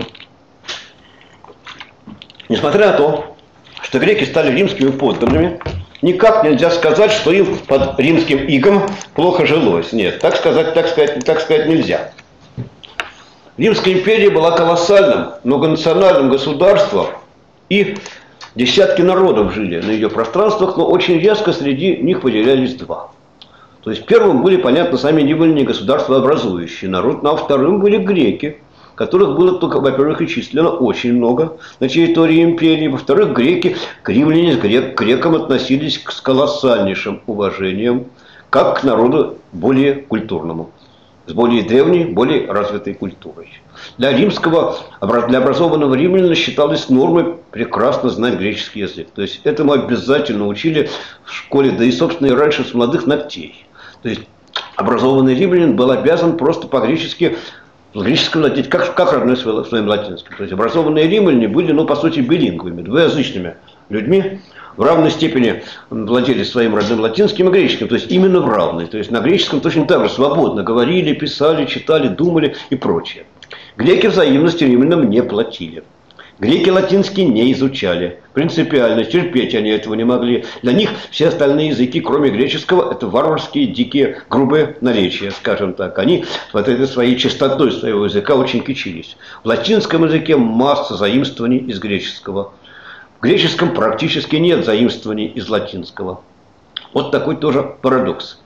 Несмотря на то, что греки стали римскими подданными, никак нельзя сказать, что им под римским игом плохо жилось. Нет, так сказать нельзя. Римская империя была колоссальным, многонациональным государством, и десятки народов жили на ее пространствах, но очень резко среди них выделялись два. То есть первым были, понятно, сами римляне, государствообразующий народ, ну, а вторым были греки, которых было только, во-первых, и численно очень много на территории империи, во-вторых, греки к римлянам, к грекам относились с колоссальнейшим уважением, как к народу более культурному, с более древней, более развитой культурой. Для образованного римлянина считалось нормой прекрасно знать греческий язык. То есть этому обязательно учили в школе, да и, собственно, и раньше с молодых ногтей. То есть образованный римлянин был обязан просто по-гречески, владеть как родной своим латинским. То есть образованные римляне были, ну, по сути, билингвами, двуязычными людьми, в равной степени владели своим родным латинским и греческим, то есть именно в равной. То есть на греческом точно так же свободно говорили, писали, читали, думали и прочее. Греки взаимности римлянам не платили. Греки латинский не изучали. Принципиально, терпеть они этого не могли. Для них все остальные языки, кроме греческого, это варварские, дикие, грубые наречия, скажем так. Они вот этой своей чистотой своего языка очень кичились. В латинском языке масса заимствований из греческого. В греческом практически нет заимствований из латинского. Вот такой тоже парадокс.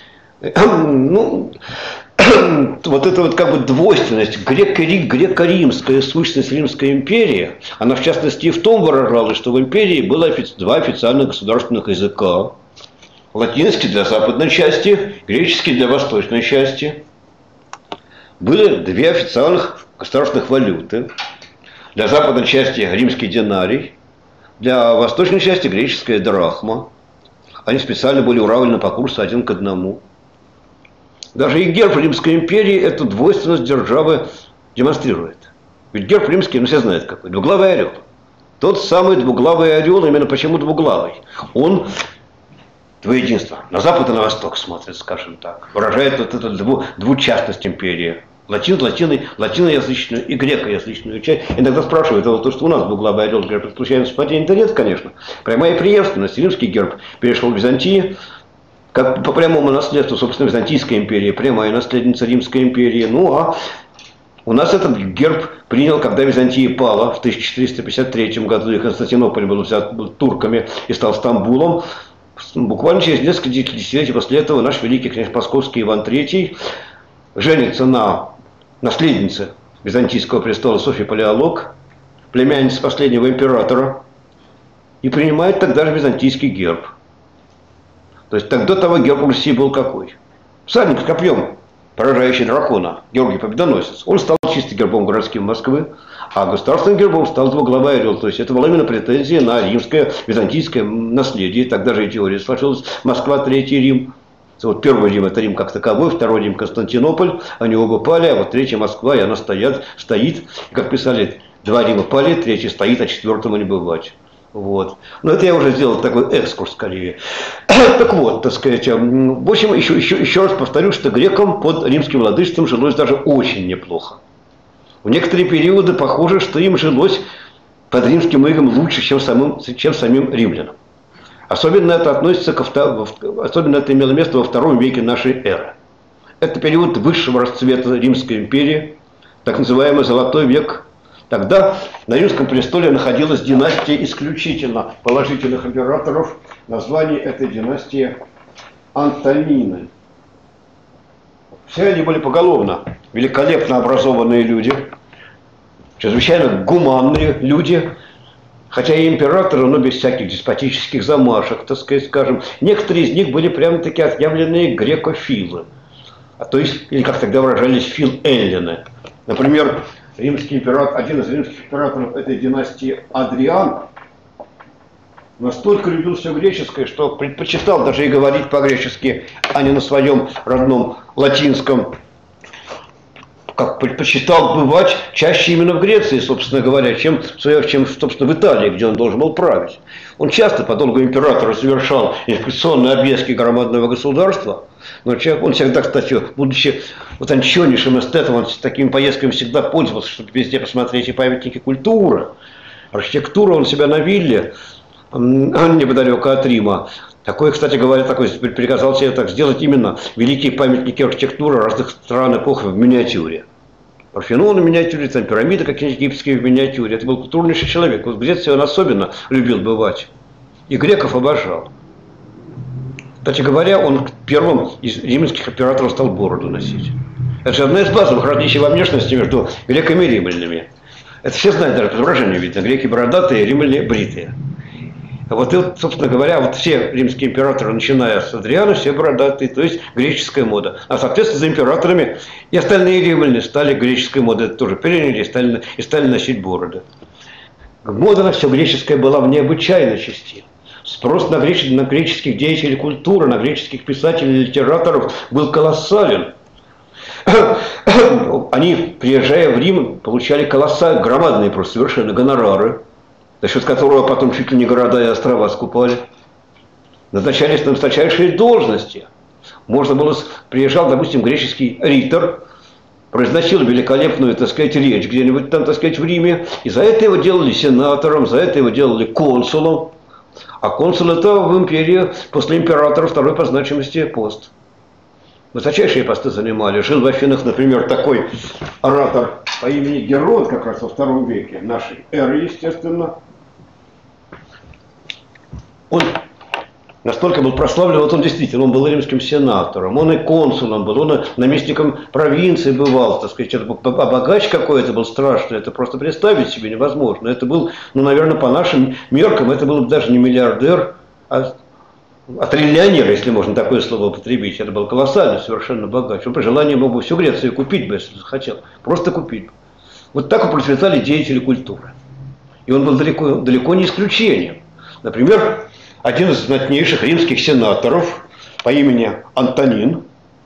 Ну, вот эта вот как бы двойственность, греко-римская сущность Римской империи, она в частности и в том выражалась, что в империи было два официальных государственных языка. Латинский для западной части, греческий для восточной части. Были две официальных государственных валюты. Для западной части римский динарий, для восточной части греческая драхма. Они специально были уравнены по курсу 1:1. Даже и герб Римской империи эту двойственность державы демонстрирует. Ведь герб римский, ну все знают какой, двуглавый орел. Тот самый двуглавый орел, именно почему двуглавый, он двоединство. На запад и на восток смотрит, скажем так. Выражает вот эту двучастность империи. Латиноязычную и грекоязычную часть. Иногда спрашивают, а вот то, что у нас двуглавый орел, говорят, случайно совпадение? Да нет, конечно. Прямая преемственность. Римский герб перешел в Византию, как по прямому наследству, собственно, Византийская империя, прямая наследница Римской империи. Ну, а у нас этот герб принял, когда Византия пала в 1453 году, и Константинополь был взят турками и стал Стамбулом. Буквально через несколько десятилетий после этого наш великий князь Московский Иван III женится на наследнице Византийского престола Софьи Палеолог, племяннице последнего императора, и принимает тогда же византийский герб. То есть тогда того герб Руси был какой? Всадник с копьем, поражающий дракона, Георгий Победоносец. Он стал чисто гербом городским Москвы, а государственным гербом стал двуглавый орел. То есть это была именно претензия на римское, византийское наследие. Тогда же и теория сложилась. Москва, Третий Рим. Вот первый Рим — это Рим как таковой, второй Рим — Константинополь. Они оба пали, а вот третья Москва, и она стоит. И, как писали, два Рима пали, третий стоит, а четвертому не бывать. Вот. Но это я уже сделал такой экскурс скорее. Так вот, так сказать, в общем, еще раз повторю, что грекам под римским владычеством жилось даже очень неплохо. В некоторые периоды похоже, что им жилось под римским игом лучше, чем самим римлянам. Особенно это имело место во II веке нашей эры. Это период высшего расцвета Римской империи, так называемый Золотой век. Тогда на Римском престоле находилась династия исключительно положительных императоров. Название этой династии Антонины. Все они были поголовно великолепно образованные люди, чрезвычайно гуманные люди, хотя и императоры, но без всяких деспотических замашек, так сказать, скажем. Некоторые из них были прямо-таки отъявленные грекофилы, то есть, или как тогда выражались, фил-эллины. Например, один из римских императоров этой династии, Адриан, настолько любил все греческое, что предпочитал даже и говорить по-гречески, а не на своем родном латинском. Как предпочитал бывать чаще именно в Греции, собственно говоря, чем собственно, в Италии, где он должен был править. Он часто по долгу императора совершал инспекционные объездки громадного государства. Но он всегда, кстати, будучи утонченнейшим эстетом, он такими поездками всегда пользовался, чтобы везде посмотреть и памятники культуры. Архитектура он себя на вилле, неподалеку от Рима. Такой, кстати говоря, приказал себе так сделать именно великие памятники архитектуры разных стран, эпох в миниатюре. Парфенон в миниатюре, там пирамиды какие-нибудь египетские в миниатюре. Это был культурнейший человек. Вот в Греции он особенно любил бывать. И греков обожал. Кстати говоря, он первым из римских императоров стал бороду носить. Это же одна из базовых различий во внешности между греками и римлянами. Это все знают, даже по изображению видно. Греки бородатые, римляне бритые. Вот, и вот, собственно говоря, вот все римские императоры, начиная с Адриана, все бородатые, то есть греческая мода. А, соответственно, за императорами и остальные римляне стали греческой модой, это тоже переняли и стали носить бороды. Мода на все греческое была в необычайной части. Спрос на греческих деятелей культуры, на греческих писателей и литераторов был колоссален. Они, приезжая в Рим, получали громадные просто совершенно гонорары, за счет которого потом чуть ли не города и острова скупали. Назначались на высочайшие должности. Приезжал, допустим, греческий ритор, произносил великолепную, так сказать, речь где-нибудь там, так сказать, в Риме, и за это его делали сенатором, за это его делали консулом. А консул – это в империи после императора второй по значимости пост. Высочайшие посты занимали. Жил в Афинах, например, такой оратор по имени Герод, как раз во втором веке нашей эры, естественно. Он настолько был прославлен, вот он действительно, он был римским сенатором, он и консулом был, он и наместником провинции бывал, так сказать, это богач какой-то был страшный, это просто представить себе невозможно. Это был, ну, наверное, по нашим меркам, это был даже не миллиардер, а триллионер, если можно такое слово употребить. Это был колоссальный совершенно богач. Он при желании мог бы всю Грецию купить бы, если захотел. Просто купить бы. Вот так вот процветали деятели культуры. И он был далеко не исключением. Например, один из знатнейших римских сенаторов по имени Антонин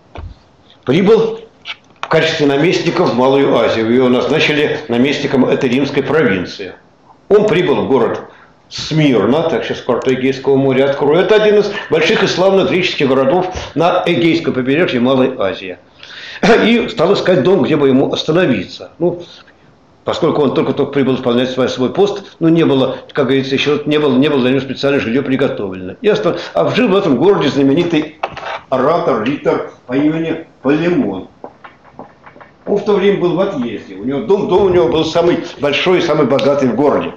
прибыл в качестве наместника в Малую Азию. Его назначили наместником этой римской провинции. Он прибыл в город Смирна, так сейчас карту Эгейского моря открою. Это один из больших и славных греческих городов на Эгейском побережье Малой Азии. И стал искать дом, где бы ему остановиться. Ну, поскольку он только-только прибыл исполнять свой пост, ну, не было, как говорится, еще не было для него специальное жилье приготовлено. А жил в этом городе знаменитый оратор, ритор по имени Полемон. Он в то время был в отъезде. У него дом у него был самый большой и самый богатый в городе.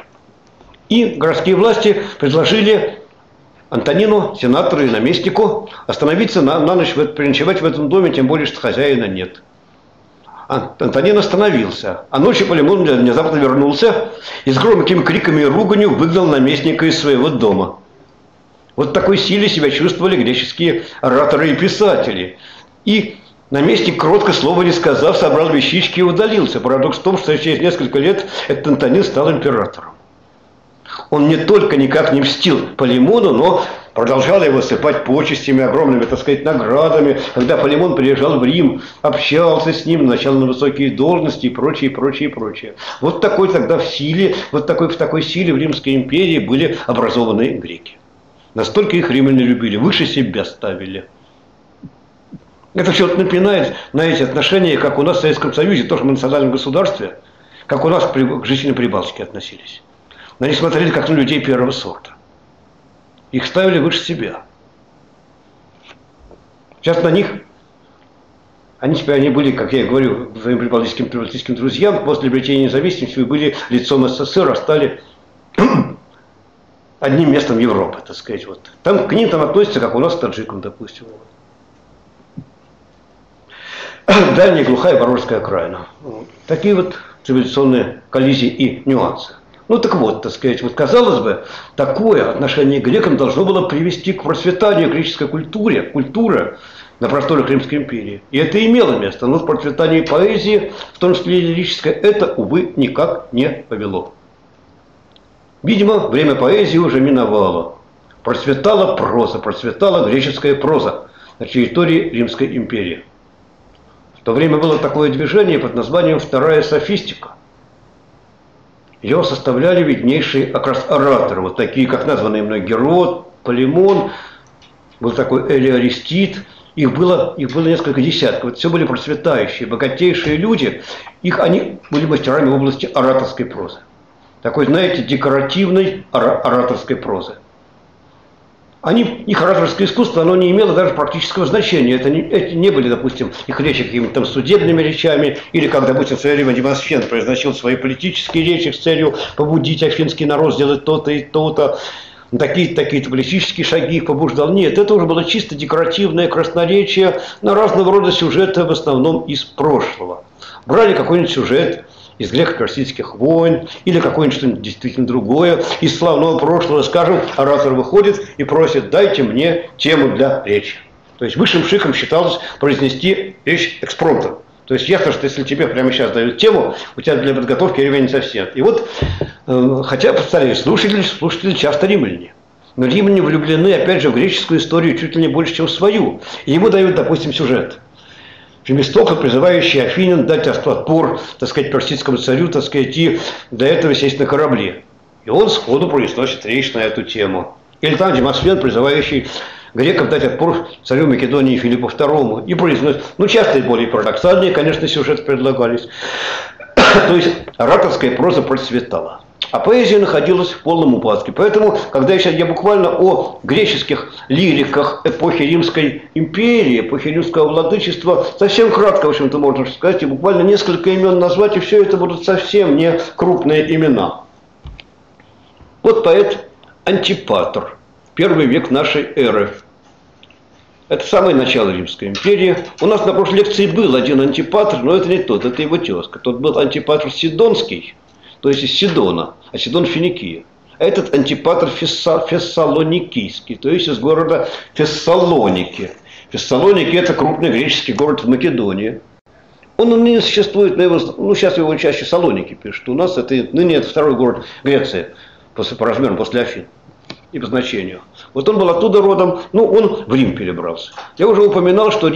И городские власти предложили Антонину, сенатору и наместнику, остановиться на ночь, переночевать в этом доме, тем более, что хозяина нет. Антонин остановился, а ночью Полемон внезапно вернулся и с громкими криками и руганью выгнал наместника из своего дома. Вот в такой силе себя чувствовали греческие ораторы и писатели. И наместник, кротко слова не сказав, собрал вещички и удалился. Парадокс в том, что через несколько лет этот Антонин стал императором. Он не только никак не мстил Полемону, но продолжал его сыпать почестями, огромными, так сказать, наградами. Когда Полемон приезжал в Рим, общался с ним, назначал на высокие должности и прочее, прочее, прочее. Вот такой тогда в такой силе в Римской империи были образованные греки. Настолько их римляне любили, выше себя ставили. Это все напоминает на эти отношения, как у нас в Советском Союзе, тоже в национальном государстве, как у нас к жителям Прибалтики относились. На них смотрели как на людей первого сорта. Их ставили выше себя. Сейчас на них, они были, как я и говорю, своим прибалтийским друзьям, после обретения независимости были лицом СССР, а стали одним местом Европы, так сказать. Вот. Там к ним относятся, как у нас к таджикам, допустим. Дальняя глухая Воронежская окраина. Вот. Такие вот цивилизационные коллизии и нюансы. Ну так вот, так сказать, вот казалось бы, такое отношение к грекам должно было привести к процветанию греческой культуры на просторах Римской империи. И это имело место, но в процветании поэзии, в том числе лирической, это, увы, никак не повело. Видимо, время поэзии уже миновало. Процветала проза, процветала греческая проза на территории Римской империи. В то время было такое движение под названием «Вторая софистика». Ее составляли виднейшие как раз ораторы, вот такие, как названные мной Герод, Полемон, был такой Аристид. Их было несколько десятков. Вот все были процветающие, богатейшие люди. Они были мастерами в области ораторской прозы. Такой, знаете, декоративной ораторской прозы. Их ораторское искусство, оно не имело даже практического значения. Это не были, допустим, их речи какими-то там судебными речами, или как, допустим, в свое время Демосфен произносил свои политические речи с целью побудить афинский народ сделать то-то и то-то, такие-то политические шаги их побуждал. Нет, это уже было чисто декоративное красноречие на разного рода сюжеты, в основном из прошлого. Брали какой-нибудь сюжет из греко-персидских войн, или какое-нибудь что-нибудь действительно другое, из славного прошлого, скажем, оратор выходит и просит: дайте мне тему для речи. То есть высшим шиком считалось произнести речь экспромтом. То есть ясно, что если тебе прямо сейчас дают тему, у тебя для подготовки времени совсем. И вот, хотя, повторяю, слушатели часто римляне. Но римляне влюблены, опять же, в греческую историю чуть ли не больше, чем в свою. И ему дают, допустим, сюжет. Фемистокл, призывающий афинян дать отпор, так сказать, персидскому царю, так сказать, и для этого сесть на корабле. И он сходу произносит речь на эту тему. Или там Демосфен, призывающий грекам дать отпор царю Македонии Филиппу II и произносят, ну, часто и более парадоксальные, конечно, сюжеты предлагались. То есть ораторская проза процветала. А поэзия находилась в полном упадке. Поэтому, когда я буквально о греческих лириках эпохи Римской империи, эпохи римского владычества, совсем кратко, в общем-то, можно сказать, и буквально несколько имен назвать, и все это будут совсем не крупные имена. Вот поэт Антипатр, первый век нашей эры. Это самое начало Римской империи. У нас на прошлой лекции был один Антипатр, но это не тот, это его тезка. Тот был Антипатр Сидонский, то есть из Сидона, а Сидон Финикия. А этот Антипатр Фессалоникийский, то есть из города Фессалоники. Фессалоники – это крупный греческий город в Македонии. Он ныне существует, ну сейчас его чаще Салоники пишут. У нас ныне это второй город Греции, по размерам после Афин и по значению. Вот он был оттуда родом, ну он в Рим перебрался. Я уже упоминал, что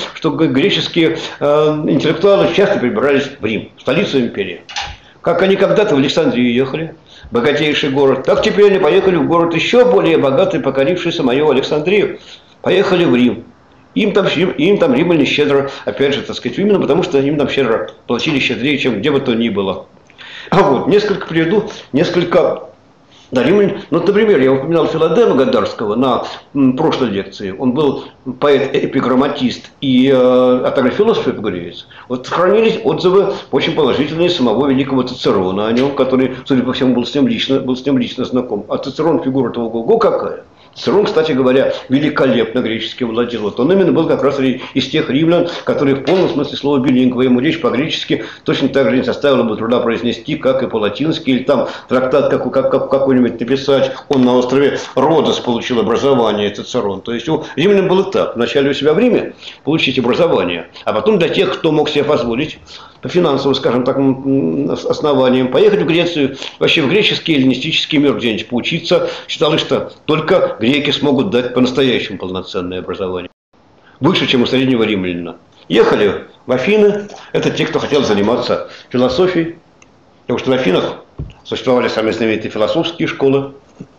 греческие интеллектуалы часто перебирались в Рим, столицу империи. Как они когда-то в Александрию ехали, богатейший город, так теперь они поехали в город еще более богатый, покорившийся мою Александрию. Поехали в Рим. Им там римляне щедро, опять же, так сказать, именно потому, что им там щедро платили щедрее, чем где бы то ни было. А вот, приведу несколько. Да, римляне, ну, например, я упоминал Филадема Гадарского на прошлой лекции. Он был поэт-эпиграмматист и философ-эпигореец. Вот сохранились отзывы очень положительные самого великого Цицерона о нем, который, судя по всему, был с ним лично знаком. А Цицерон фигура того ого какая. Цицерон, кстати говоря, великолепно гречески владел. Вот он именно был как раз из тех римлян, которые в полном смысле слова билингвы. Ему речь по-гречески точно так же не составило бы труда произнести, как и по-латински, или там трактат какой-нибудь написать. Он на острове Родос получил образование, Цицерон. То есть у римлян было так. Вначале у себя в Риме получить образование, а потом для тех, кто мог себе позволить, по финансовым, скажем так, основаниям, поехать в Грецию, вообще в греческий эллинистический мир где-нибудь поучиться. Считалось, что только греки смогут дать по-настоящему полноценное образование. Выше, чем у среднего римлянина. Ехали в Афины, это те, кто хотел заниматься философией, потому что в Афинах существовали самые знаменитые философские школы.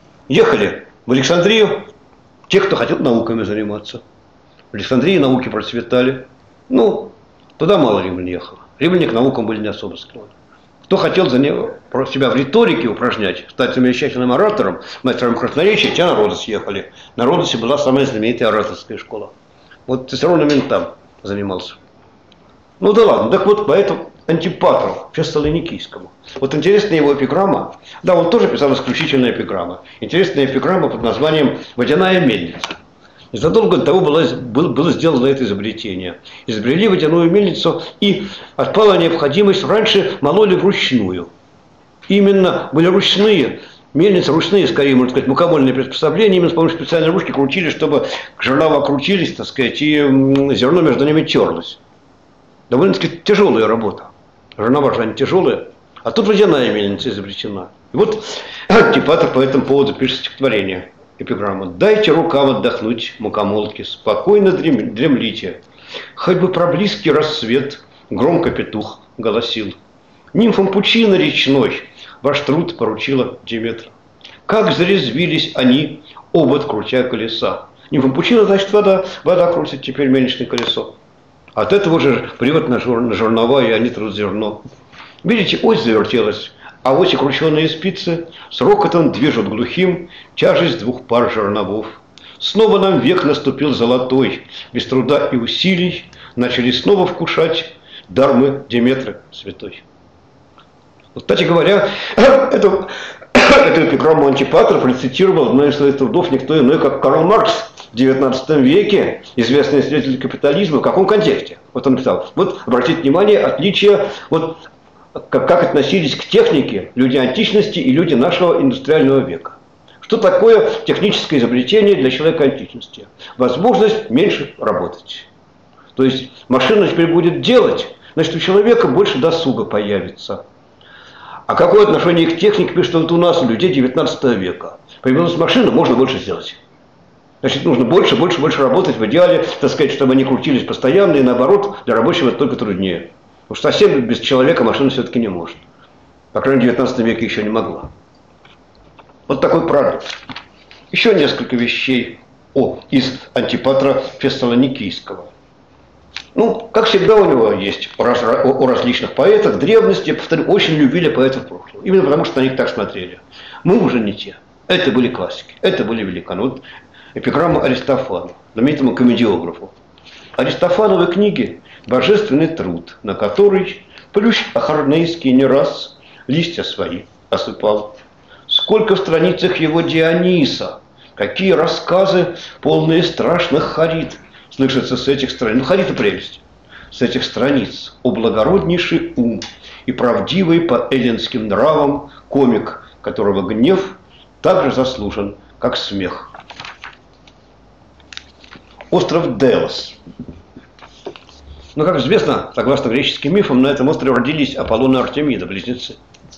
Ехали в Александрию, те, кто хотел науками заниматься. В Александрии науки процветали. Ну, туда мало римлян ехало. Римляне к наукам были не особо склонны. Кто хотел себя в риторике упражнять, стать замечательным оратором, мастером красноречия, те на Родос ехали. На Родосе была самая знаменитая ораторская школа. Вот Цицерон именно там занимался. Ну да ладно, так вот поэтому Антипатру Фессалоникийскому. Вот интересная его эпиграмма. Да, он тоже писал исключительные эпиграммы. Интересная эпиграмма под названием «Водяная мельница». Незадолго до того было сделано это изобретение. Изобрели водяную мельницу, и отпала необходимость. Раньше мололи вручную. Именно были ручные мельницы, ручные, скорее, можно сказать, мукомольные приспособления. Именно с помощью специальной ручки крутили, чтобы жернова крутились, так сказать, и зерно между ними терлось. Довольно-таки тяжелая работа. Жернова же они тяжелые. А тут водяная мельница изобретена. И вот Антипатр по этому поводу пишет стихотворение. Эпиграмма. «Дайте рукам отдохнуть, мукомолки, спокойно дремлите. Хоть бы про близкий рассвет громко петух голосил. Нимфам пучины речной ваш труд поручила Диметра. Как зарезвились они, обод крутя колеса». Нимфам пучина, значит, вода крутит теперь мельничное колесо. От этого же привод на жернова, и они трут зерно. Видите, ось завертелась. А ось и крученые спицы с рокотом движут глухим тяжесть двух пар жерновов. Снова нам век наступил золотой, без труда и усилий начали снова вкушать дар мы Диметры святой. Вот, кстати говоря, эту эпиграмму Антипатра процитировал одной из своих трудов никто иной, как Карл Маркс в XIX веке, известный исследователь капитализма. В каком контексте? Вот он писал. Вот обратите внимание, отличие вот как относились к технике люди античности и люди нашего индустриального века. Что такое техническое изобретение для человека античности? Возможность меньше работать. То есть машина теперь будет делать, значит, у человека больше досуга появится. А какое отношение к технике, пишет вот у нас, у людей 19 века? Появилась машина, можно больше сделать. Значит, нужно больше работать, в идеале, так сказать, чтобы они крутились постоянно, и наоборот, для рабочего это только труднее. Потому что совсем без человека машина все-таки не может. По крайней мере, в 19 веке еще не могла. Вот такой продукт. Еще несколько вещей. из Антипатра Фессалоникийского. Ну, как всегда у него есть у различных поэтов древности, повторю, очень любили поэтов прошлого. Именно потому, что на них так смотрели. Мы уже не те. Это были классики, это были великаны. Вот эпиграмма Аристофану, знаменитому комедиографу. Аристофановы книги – божественный труд, на который плющ Ахарнейский не раз листья свои осыпал. Сколько в страницах его Диониса, какие рассказы, полные страшных харит, слышится с этих страниц. Ну, харита прелесть. С этих страниц о благороднейший ум и правдивый по эллинским нравам комик, которого гнев также заслужен, как смех. Остров Делос. Ну, как известно, согласно греческим мифам, на этом острове родились Аполлон и Артемида, близнецы.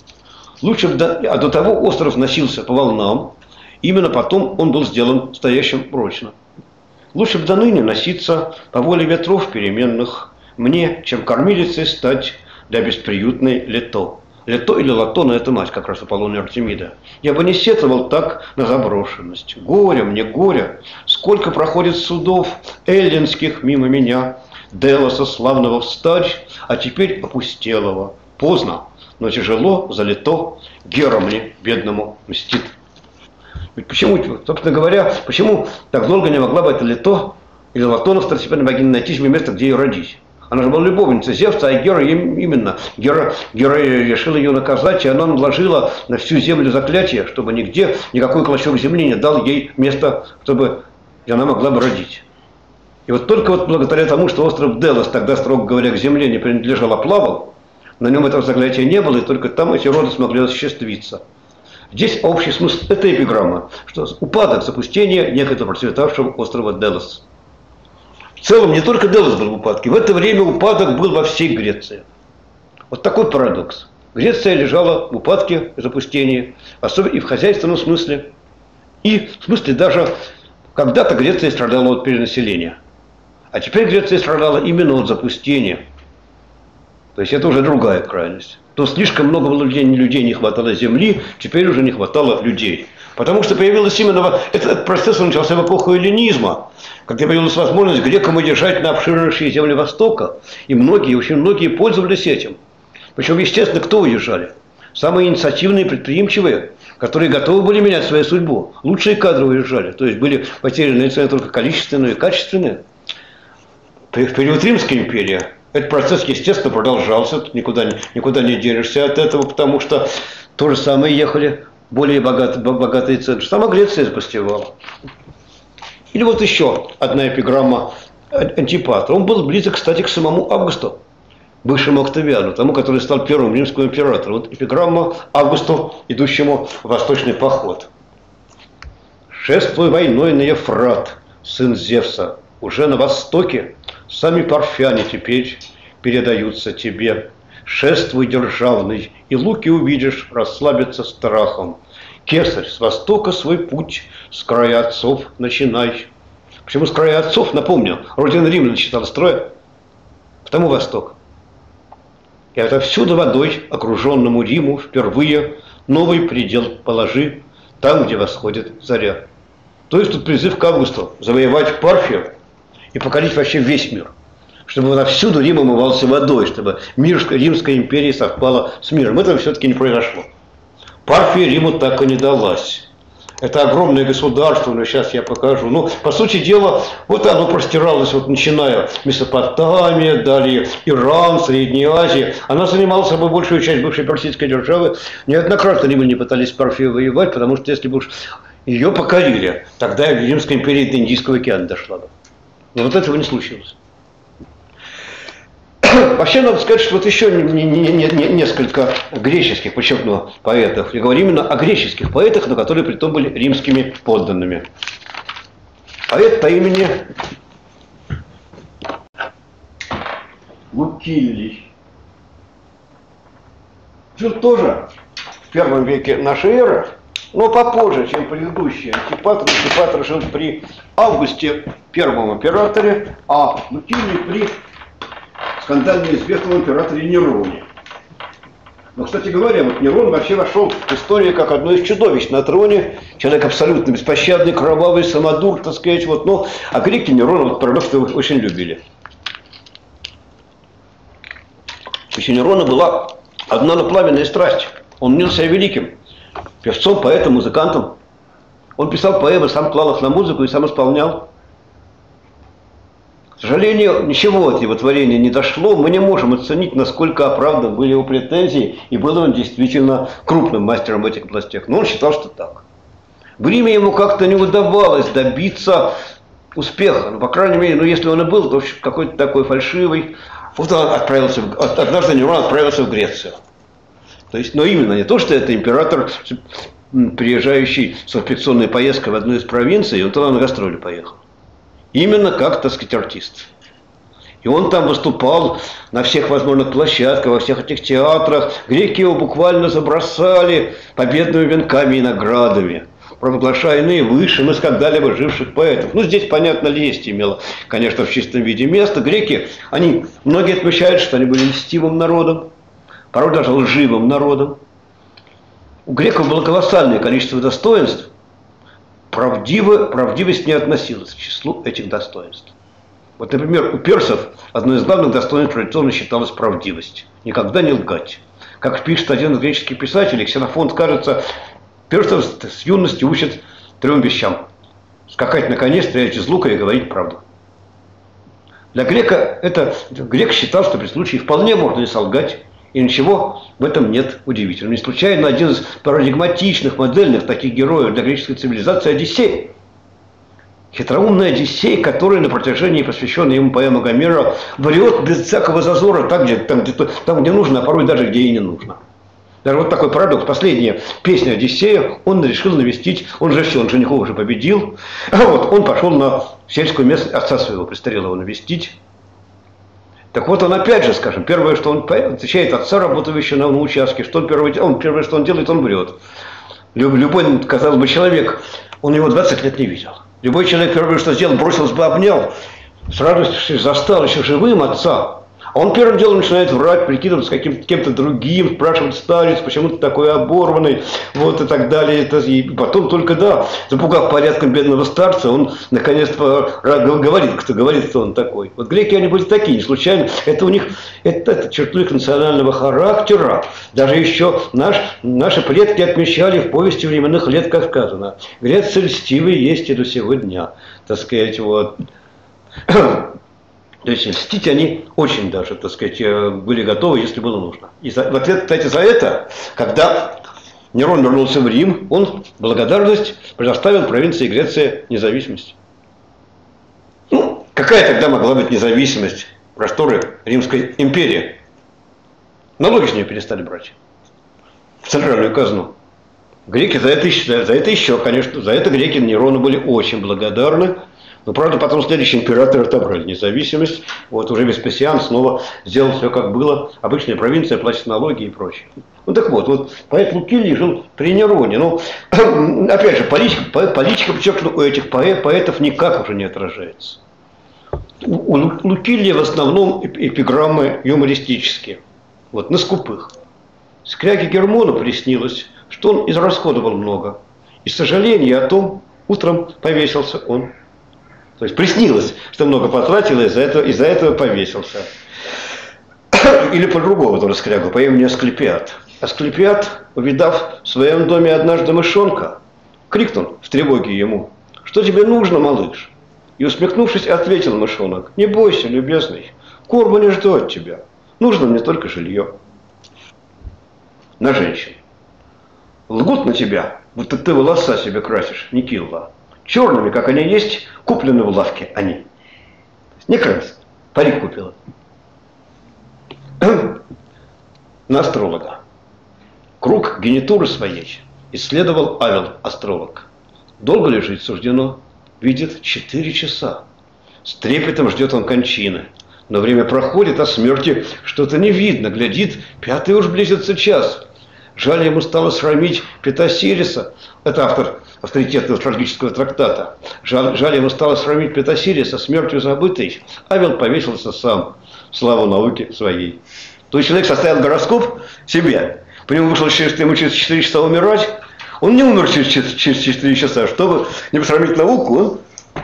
А до того остров носился по волнам, именно потом он был сделан стоящим прочно. Лучше бы до ныне носиться по воле ветров переменных мне, чем кормилицей стать для бесприютной Лето. Лето или Латона – это мать как раз Аполлона и Артемида. Я бы не сетовал так на заброшенность. Горе мне, горе! Сколько проходит судов эллинских мимо меня, Делоса славного встать, а теперь опустелого. Поздно, но тяжело залито, Гера мне, бедному, мстит. Ведь почему, собственно говоря, почему так долго не могла бы эта Лето или Латона, второстепенная богиня, найти себе место, где ее родить? Она же была любовницей Зевса, а Гера именно. Гера решила ее наказать, и она наложила на всю землю заклятие, чтобы нигде никакой клочок земли не дал ей место, чтобы она могла бы родить. И вот только вот благодаря тому, что остров Делос тогда, строго говоря, к земле не принадлежал, а плавал, на нем этого заклятия не было, и только там эти роды смогли осуществиться. Здесь общий смысл этой эпиграммы, что упадок, запустение некогда процветавшего острова Делос. В целом, не только Делос был в упадке, в это время упадок был во всей Греции. Вот такой парадокс. Греция лежала в упадке, в запустении, особенно и в хозяйственном смысле, и в смысле даже когда-то Греция страдала от перенаселения. А теперь Греция страдала именно от запустения. То есть это уже другая крайность. То слишком много было людей не хватало земли, теперь уже не хватало людей. Потому что появилась именно... Этот процесс начался в эпоху эллинизма, когда появилась возможность грекам удержать на обширнейшие земли Востока. И многие, очень многие пользовались этим. Причем, естественно, кто уезжали? Самые инициативные, предприимчивые, которые готовы были менять свою судьбу. Лучшие кадры уезжали. То есть были потеряны цены только количественные и качественные. В период Римской империи этот процесс, естественно, продолжался. Никуда не денешься от этого, потому что то же самое ехали более богатые центры. Сама Греция запустевала. Или вот еще одна эпиграмма Антипатра. Он был близок, кстати, к самому Августу, бывшему Октавиану, тому, который стал первым римским императором. Вот эпиграмма Августу, идущему в восточный поход. «Шествуй войной на Ефрат, сын Зевса, уже на востоке сами парфяне теперь передаются тебе. Шествуй державный, и луки увидишь, расслабиться страхом. Кесарь, с востока свой путь, с края отцов начинай». Почему с края отцов? Напомню, родина Рима начинала строя, потому восток. И отовсюду водой, окруженному Риму, впервые новый предел положи, там, где восходит заря. То есть тут призыв к Августу завоевать Парфию и покорить вообще весь мир. Чтобы отовсюду Рим омывался водой, чтобы мир Римской империи совпало с миром. Этого все-таки не произошло. Парфия Риму так и не далась. Это огромное государство, но сейчас я покажу. Ну, по сути дела, вот оно простиралось, вот начиная Месопотамия, далее Иран, Средняя Азия. Она занимала собой большую часть бывшей персидской державы. Неоднократно римляне пытались с Парфией воевать, потому что если бы уж ее покорили, тогда Римская империя до Индийского океана дошла бы. Но вот этого не случилось. Вообще, надо сказать, что вот еще несколько греческих, подчеркну, поэтов. Я говорю именно о греческих поэтах, но которые при том были римскими подданными. Поэт по имени Лукиллий. Жил тоже в первом веке нашей эры, но попозже, чем предыдущий. Антипатр жил при Августе, первом императоре, а Лукиллий при скандально известном императоре Нероне. Но, кстати говоря, вот Нерон вообще вошел в историю как одно из чудовищ на троне. Человек абсолютно беспощадный, кровавый, самодур, так сказать. Вот, ну, а греки Нерона, вот, парадокс, очень любили. То есть у Нерона была одна пламенная страсть. Он мнил себя великим. Певцом, поэтом, музыкантом. Он писал поэмы, сам клал их на музыку и сам исполнял. К сожалению, ничего от его творения не дошло. Мы не можем оценить, насколько оправданы были его претензии, и был он действительно крупным мастером в этих областях. Но он считал, что так. В Риме ему как-то не удавалось добиться успеха. Ну, по крайней мере, ну, если он и был, то какой-то такой фальшивый. Вот он отправился, однажды Нерон отправился в Грецию. То есть, но именно не то, что это император, приезжающий с инспекционной поездкой в одну из провинций, он туда на гастроли поехал. Именно как, так сказать, артист. И он там выступал на всех возможных площадках, во всех этих театрах. Греки его буквально забросали победными венками и наградами, провозглашая наивысшим из когда-либо живших поэтов. Ну, здесь, понятно, лесть имела, конечно, в чистом виде место. Греки, многие отмечают, что они были льстивым народом, порой даже лживым народом. У греков было колоссальное количество достоинств. Правдивость не относилась к числу этих достоинств. Вот, например, у персов одно из главных достоинств традиционно считалось правдивость. Никогда не лгать. Как пишет один из греческих писателей, Ксенофонт, кажется, персов с юности учат 3 вещам. Скакать на коне, стрелять из лука и говорить правду. Для грека грек считал, что при случае вполне можно и солгать. И ничего в этом нет удивительного. Не случайно один из парадигматичных, модельных таких героев для греческой цивилизации – Одиссей. Хитроумный Одиссей, который на протяжении посвященной ему поэмы Гомера врет без всякого зазора там, где нужно, а порой даже где и не нужно. Даже вот такой парадокс. Последняя песня Одиссея он решил навестить, он женихов уже победил. А вот он пошел на сельскую местность, отца своего престарелого навестить. Так вот он опять же, скажем, первое, что он отвечает отца, работающего на участке, первое, что он делает, он врет. Любой, казалось бы, человек, он его 20 лет не видел. Любой человек первое, что сделал, бросился бы, обнял, с радостью застал еще живым отца. А он первым делом начинает врать, прикидываться кем-то другим, спрашивать: старец, почему ты такой оборванный, вот и так далее. И потом только, да, запугав порядком бедного старца, он наконец-то говорит, кто он такой. Вот греки, они были такие, не случайно. Это у них, это черту их национального характера. Даже еще наши предки отмечали в повести временных лет, как сказано: грецы льстивые есть и до сего дня. Так сказать, вот. То есть льстить они очень даже, так сказать, были готовы, если было нужно. И в ответ, кстати, за это, когда Нерон вернулся в Рим, он в благодарность предоставил провинции Греции независимость. Ну, какая тогда могла быть независимость, просторы Римской империи? Налоги с нее перестали брать в центральную казну. Греки за это еще, конечно, за это греки Нерону были очень благодарны. Но, правда, потом следующий император отобрали независимость. Вот уже Веспасиан снова сделал все, как было. Обычная провинция, платит налоги и прочее. Ну так вот поэт Лукилий жил при Нероне. Ну, опять же, политика, подчеркну, у этих поэтов никак уже не отражается. У Лукилия в основном эпиграммы юмористические. Вот, на скупых. Скряге Гермону приснилось, что он израсходовал много. И сожаление о том, утром повесился он. То есть приснилось, что много потратил, и из-за этого повесился. Или по-другому тоже скрягу, по имени Асклепиад. Асклепиад, увидав в своем доме однажды мышонка, крикнул в тревоге ему: «Что тебе нужно, малыш?» И, усмехнувшись, ответил мышонок: «Не бойся, любезный, корма не жду от тебя, нужно мне только жилье». На женщин. Лгут на тебя, будто ты волоса себе красишь, Никилла. Черными, как они есть, куплены в лавке они. Не красят, парик купила. На астролога. Круг генитуры своей исследовал Авел, астролог. Долго ли жить суждено? Видит 4 часа. С трепетом ждет он кончины. Но время проходит, а смерти что-то не видно. Глядит, 5-й уж близится час. Жаль ему стало срамить Петасириса. Это автор авторитетного астрологического трактата. Жаль ему стало сравнить Петасириса, смертью забытой. Авел повесился сам, славу науки своей То есть человек составил гороскоп себе, по нему вышло, что ему через 4 часа умирать, он не умер через 4 часа, чтобы не посрамить науку, он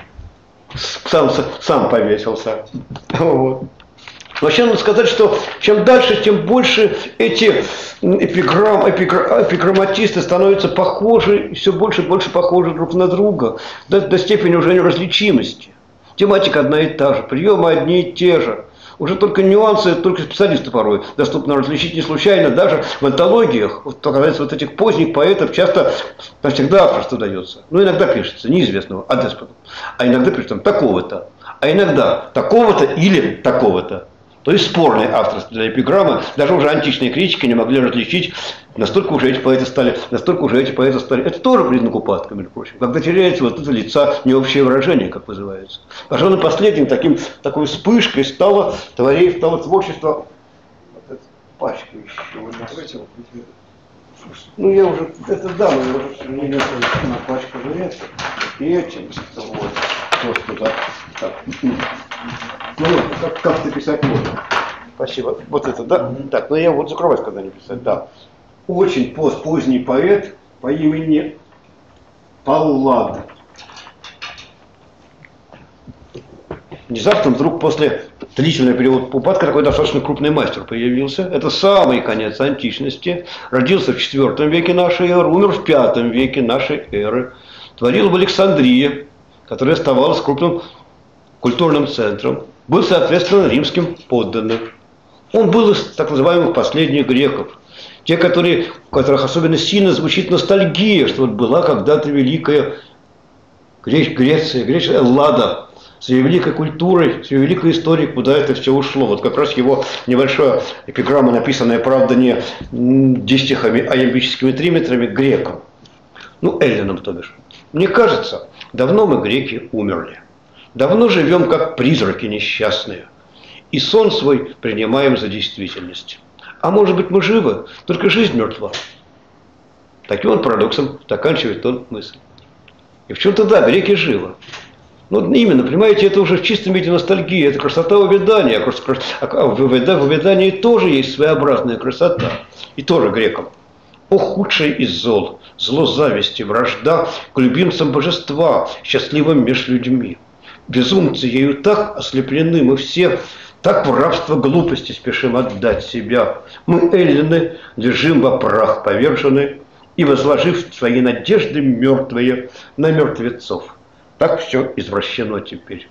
сам повесился. Вот. Вообще надо сказать, что чем дальше, тем больше эти эпиграмматисты становятся похожи, все больше и больше похожи друг на друга, до степени уже неразличимости. Тематика одна и та же, приемы одни и те же. Уже только нюансы, только специалисты порой доступно различить не случайно. Даже в антологиях, вот этих поздних поэтов, часто, там всегда авторство дается. Ну, иногда пишется неизвестного, а деспота. А иногда пишется там такого-то. А иногда такого-то или такого-то. То есть спорное авторство для эпиграммы. Даже уже античные критики не могли различить, настолько уже эти поэты стали. Это тоже признак упадка, между прочим. Когда теряется вот это лица необщее выражение, как называется. Пожалуй, последним такой вспышкой стало творчество. Вот эта пачка еще. Ну, я уже, это да, но я уже, к сожалению, на пачку жрец. И этим, вот, то, что так. Ну, как написать можно. Спасибо. Вот это, да? Так, ну я вот закрывать, когда не писать, да. Очень поздний поэт по имени Паллад. Внезапно вдруг после длительного периода упадка такой достаточно крупный мастер появился. Это самый конец античности. Родился в IV веке нашей эры, умер в V веке нашей эры. Творил в Александрии, которая оставалась крупным культурным центром. Был, соответственно, римским подданным. Он был из так называемых последних греков. Те, у которых особенно сильно звучит ностальгия, что вот была когда-то великая Греция, Эллада, с ее великой культурой, с ее великой историей, куда это все ушло. Вот как раз его небольшая эпиграмма, написанная, правда, не дистихами, а ямбическими триметрами, грекам. Ну, эллинам, то бишь. Мне кажется, давно мы, греки, умерли. Давно живем, как призраки несчастные. И сон свой принимаем за действительность. А может быть, мы живы, только жизнь мертва. Таким вот парадоксом заканчивает он мысль. И в чем-то да, греки живы. Ну, именно, понимаете, это уже в чистом виде ностальгия, это красота увядания. А в увядании тоже есть своеобразная красота. И тоже грекам. О, худший из зол, зло зависти, вражда к любимцам божества, счастливым меж людьми. Безумцы ею так ослеплены мы все, так в рабство глупости спешим отдать себя. Мы, эллины, лежим во прах повержены и, возложив свои надежды мертвые на мертвецов. Так все извращено теперь.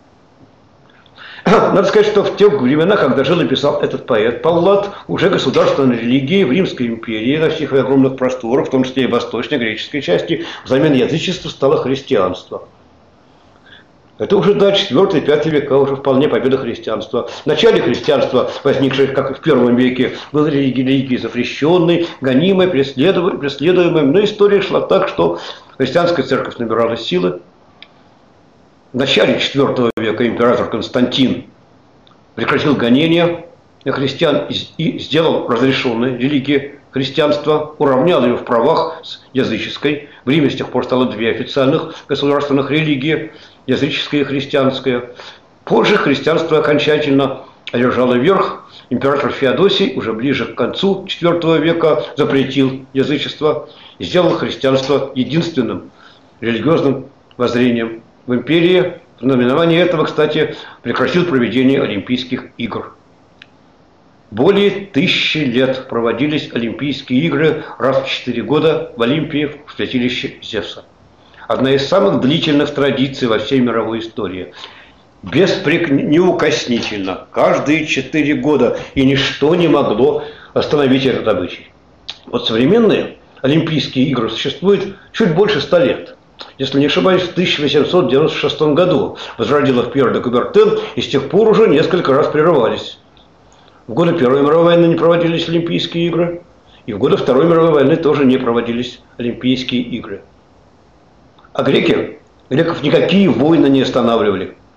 Надо сказать, что в те времена, когда жил и писал этот поэт, Паллад, уже государственной религии в Римской империи на всех огромных просторах, в том числе и восточно-греческой части, взамен язычества стало христианство. Это уже, да, 4-5 века, уже вполне победа христианства. В начале христианства, возникшее, как и в I веке, было религией запрещенной, гонимой, преследуемой. Но история шла так, что христианская церковь набирала силы. В начале IV века император Константин прекратил гонения на христиан и сделал разрешенной религией христианства, уравнял ее в правах с языческой. В Риме с тех пор стало 2 официальных государственных религии, языческая и христианская. Позже христианство окончательно одержало верх. Император Феодосий уже ближе к концу IV века запретил язычество и сделал христианство единственным религиозным воззрением в империи. В знаменовании этого, кстати, прекратил проведение Олимпийских игр. Более 1000 лет проводились Олимпийские игры раз в 4 года в Олимпии в святилище Зевса. Одна из самых длительных традиций во всей мировой истории. Неукоснительно, каждые 4 года, и ничто не могло остановить этот обычай. Вот современные Олимпийские игры существуют чуть больше 100 лет. Если не ошибаюсь, в 1896 году возродил их Пьер де Кубертен, и с тех пор уже несколько раз прерывались. В годы Первой мировой войны не проводились Олимпийские игры, и в годы Второй мировой войны тоже не проводились Олимпийские игры. А греков никакие войны не останавливали.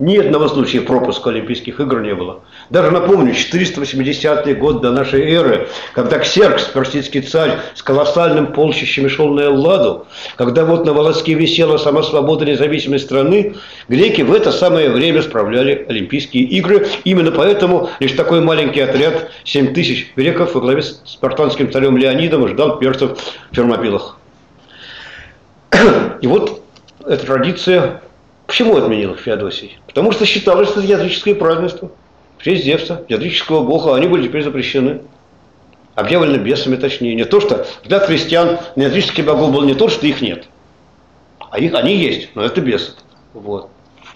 Ни одного случая пропуска Олимпийских игр не было. Даже напомню, 480 год до нашей эры, когда Ксеркс, персидский царь, с колоссальным полчищем шел на Элладу, когда вот на волоске висела сама свобода независимой страны, греки в это самое время справляли Олимпийские игры. Именно поэтому лишь такой маленький отряд, 7 тысяч греков во главе с спартанским царем Леонидом ждал персов в Фермопилах. И вот эта традиция, почему отменил Феодосий? Потому что считалось, что это языческое празднество. В честь Зевса, языческого бога, они были теперь запрещены. Объявлены бесами, точнее. Не то, что для христиан языческих богов был не то, что их нет. А они есть, но это бесы. Вот.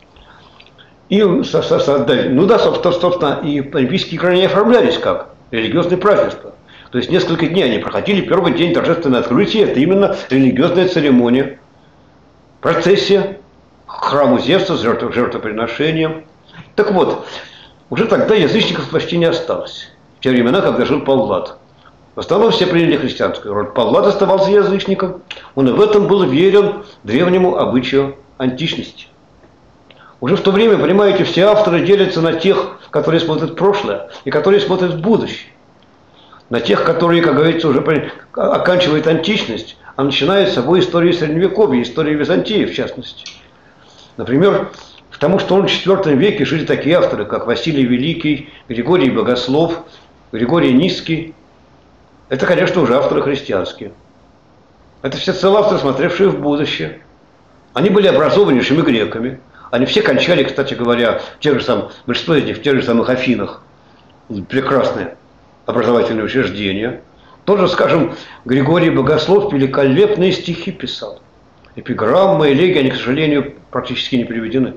И, ну да, собственно, и Олимпийские игры не оформлялись как религиозные празднества. То есть несколько дней они проходили. Первый день торжественное открытие, это именно религиозная церемония. Процессия к храму Зевса с жертвоприношением. Так вот, уже тогда язычников почти не осталось. В те времена, когда жил Паллад. В основном все приняли христианскую роль. Паллад оставался язычником. Он и в этом был верен древнему обычаю античности. Уже в то время, понимаете, все авторы делятся на тех, которые смотрят в прошлое, и которые смотрят в будущее. На тех, которые, как говорится, уже оканчивают античность, а начинают с собой историю Средневековья, историю Византии, в частности. Например, к тому, что в IV веке жили такие авторы, как Василий Великий, Григорий Богослов, Григорий Низкий. Это, конечно, уже авторы христианские. Это все авторы, смотревшие в будущее. Они были образованнейшими греками. Они все кончали, кстати говоря, в тех же самых, большинство из них в тех же самых Афинах. Прекрасные образовательные учреждения. Тоже, скажем, Григорий Богослов великолепные стихи писал. Эпиграммы, элегии, они, к сожалению, практически не переведены.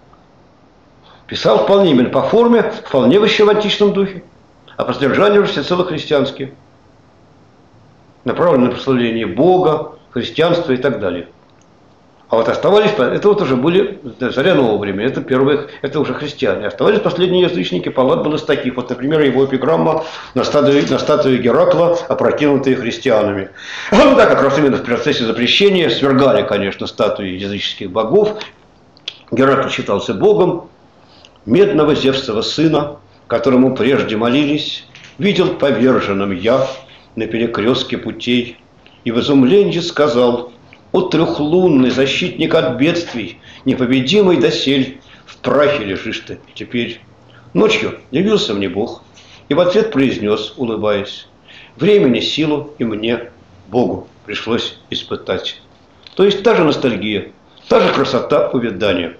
Писал вполне именно по форме, вполне еще в античном духе, а по содержанию уже всецело христианские. Направлены на прославление Бога, христианства и так далее. А вот оставались, это вот уже были царя нового времени, это первые, это уже христиане. Оставались последние язычники, Паллад был из таких. Вот, например, его эпиграмма на статуе Геракла, опрокинутые христианами. Ну да, как раз именно в процессе запрещения свергали, конечно, статуи языческих богов. Геракл считался богом. Медного Зевсова сына, которому прежде молились, видел поверженным я на перекрестке путей, и в изумлении сказал: «О трехлунный защитник от бедствий, непобедимый досель, в прахе лежишь ты теперь». Ночью явился мне Бог и в ответ произнес, улыбаясь: «Времени, силу и мне, Богу, пришлось испытать». То есть та же ностальгия, та же красота увядания.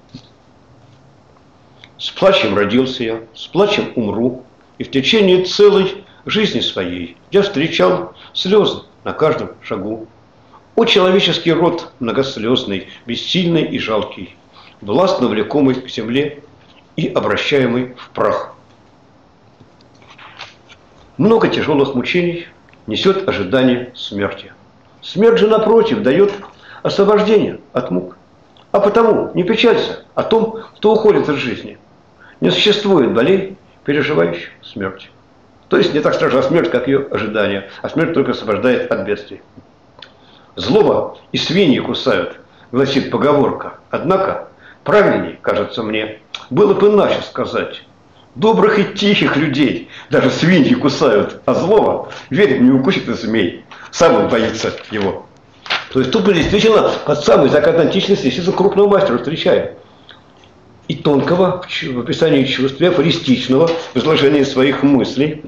С плачем родился я, с плачем умру, и в течение целой жизни своей я встречал слезы на каждом шагу. О человеческий род многослезный, бессильный и жалкий, властно влекомый к земле и обращаемый в прах. Много тяжелых мучений несет ожидание смерти. Смерть же, напротив, дает освобождение от мук. А потому не печалься о том, кто уходит из жизни. Не существует болей, переживающих смерть. То есть не так страшна смерть, как ее ожидание, а смерть только освобождает от бедствий. «Злоба и свиньи кусают», гласит поговорка. Однако, правильней, кажется мне, было бы иначе сказать: добрых и тихих людей даже свиньи кусают, а злого, верит, не укусит и змей. Сам он боится его. То есть тут мы действительно под самый закат античности действительно крупного мастера встречаем. И тонкого в описании чувств, афористичного в изложении своих мыслей.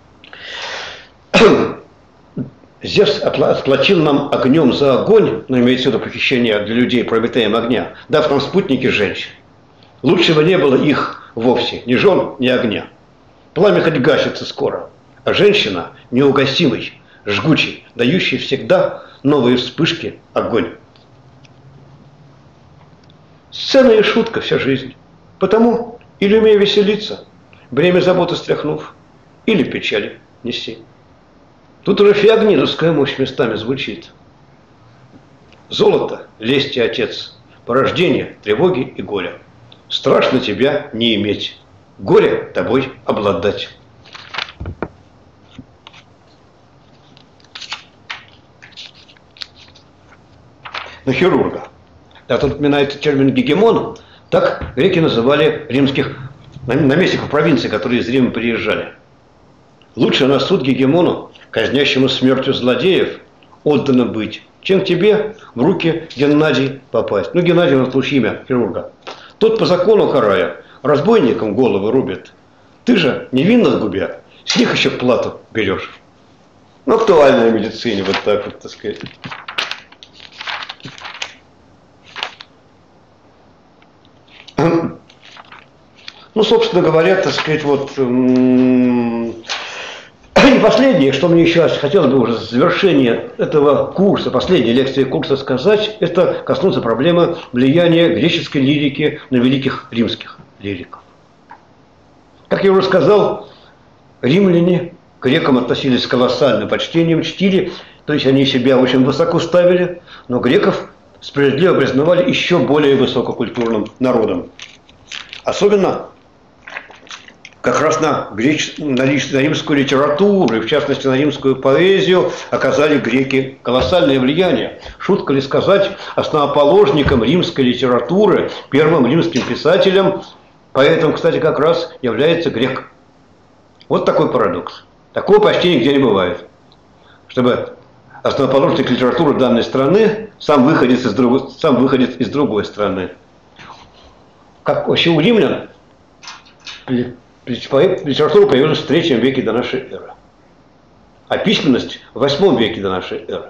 Зевс отплатил нам огнем за огонь, но имеется в виду похищение для людей прометеем огня, дав нам спутники женщин. Лучшего не было их вовсе, ни жен, ни огня. Пламя хоть гасится скоро, а женщина неугасимый, жгучий, дающий всегда новые вспышки огонь. Сцена и шутка вся жизнь. Потому или умей веселиться, бремя заботы стряхнув, или печали неси. Тут уже феогнидовская мощь местами звучит. Золото, лесть и отец, порождение тревоги и горя. Страшно тебя не иметь, горе тобой обладать. На хирурга. Да, тут упоминается термин гегемон. Так греки называли римских наместников провинции, которые из Рима приезжали. Лучше на суд Гегемону, казнящему смертью злодеев, отдано быть, чем тебе в руки Геннадий попасть. Ну, Геннадий у нас лучше имя хирурга. Тот по закону карая разбойникам головы рубит. Ты же невинно губя, с них еще плату берешь. Ну, актуальная в медицине, вот так вот, так сказать. Ну, собственно говоря, так сказать, вот и последнее, что мне еще хотелось бы уже в завершение этого курса, последней лекции курса сказать, это коснуться проблемы влияния греческой лирики на великих римских лириков. Как я уже сказал, римляне к грекам относились с колоссальным почтением, чтили, то есть они себя очень высоко ставили, но греков справедливо признавали еще более высококультурным народом. Особенно как раз на римскую литературу, и в частности на римскую поэзию, оказали греки колоссальное влияние. Шутка ли сказать, основоположником римской литературы, первым римским писателем, поэтом, кстати, как раз является грек. Вот такой парадокс. Такого почти нигде не бывает. Чтобы основоположник литературы данной страны сам выходит из другой страны. Как вообще у римлян литература появилась в III веке до нашей эры, а письменность в VIII веке до нашей эры.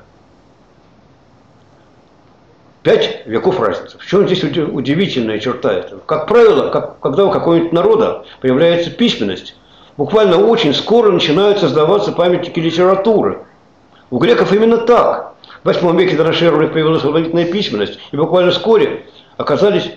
5 веков разницы. В чем здесь удивительная черта этого? Как правило, когда у какого-нибудь народа появляется письменность, буквально очень скоро начинают создаваться памятники литературы. У греков именно так. В VIII веке до нашей эры у них появилась алфавитная письменность, и буквально вскоре оказались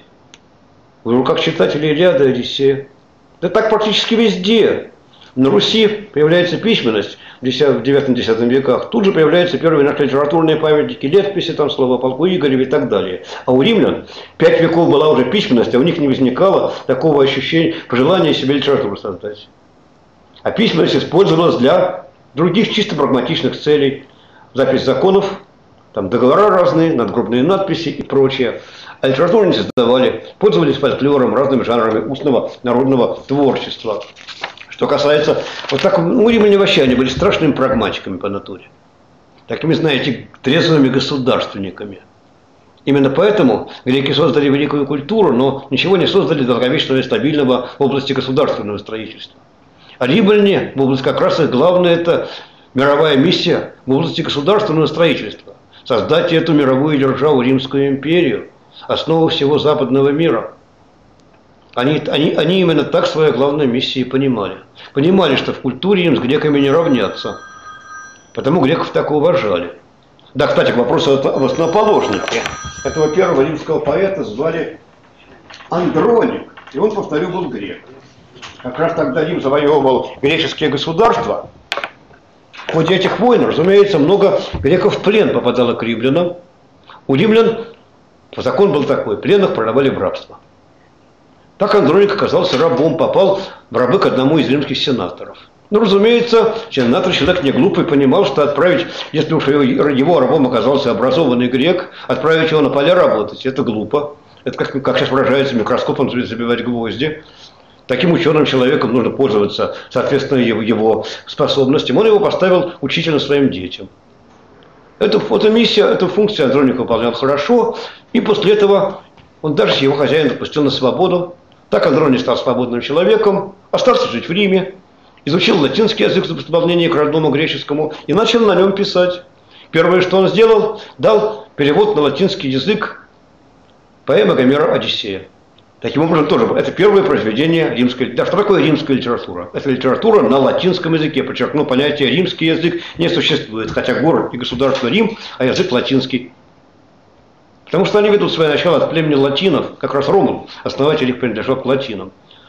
в руках читателей Илиады и Одиссея. Да так практически везде. На Руси появляется письменность в 9-10 веках. Тут же появляются первые наши литературные памятники, летописи, там слово о полку Игореве и так далее. А у римлян 5 веков была уже письменность, а у них не возникало такого ощущения, пожелания себе литературу создать. А письменность использовалась для других чисто прагматичных целей. Запись законов, там договора разные, надгробные надписи и прочее. А литературу не создавали, пользовались фольклором, разными жанрами устного народного творчества. Что касается, вот так, римляне вообще, они были страшными прагматиками по натуре. Такими, знаете, трезвыми государственниками. Именно поэтому греки создали великую культуру, но ничего не создали долговечного и стабильного в области государственного строительства. А римляне, в области как раз их главная это мировая миссия в области государственного строительства. Создать эту мировую державу, Римскую империю, основу всего западного мира. Они именно так свою главную миссию понимали. Понимали, что в культуре им с греками не равнятся. Потому греков так уважали. Да, кстати, к вопросу об основоположнике. Этого первого римского поэта звали Андроник. И он, повторю, был грек. Как раз тогда Рим завоевывал греческие государства. В ходе этих войн, разумеется, много греков в плен попадало к римлянам. У римлян закон был такой: пленных продавали в рабство. Так Андроник оказался рабом, попал в рабы к одному из римских сенаторов. Ну, разумеется, сенатор, человек не глупый, понимал, что отправить, если уж его рабом оказался образованный грек, отправить его на поля работать, это глупо. Это, как сейчас выражается, микроскопом забивать гвозди. Таким ученым человеком нужно пользоваться, соответственно, его способностям. Он его поставил учителем своим детям. Эту миссию, эту функцию Андроник выполнял хорошо, и после этого он даже его хозяин отпустил на свободу. Так Андроник стал свободным человеком, остался жить в Риме, изучил латинский язык в дополнение к родному греческому и начал на нем писать. Первое, что он сделал, дал перевод на латинский язык поэмы Гомера «Одиссея». Таким образом, тоже это первое произведение римской. Да, что такое римская литература? Это литература на латинском языке. Подчеркну, понятие римский язык не существует, хотя город и государство Рим, а язык латинский. Потому что они ведут свое начало от племени латинов, как раз Ромул, основатель их принадлежал к латинам.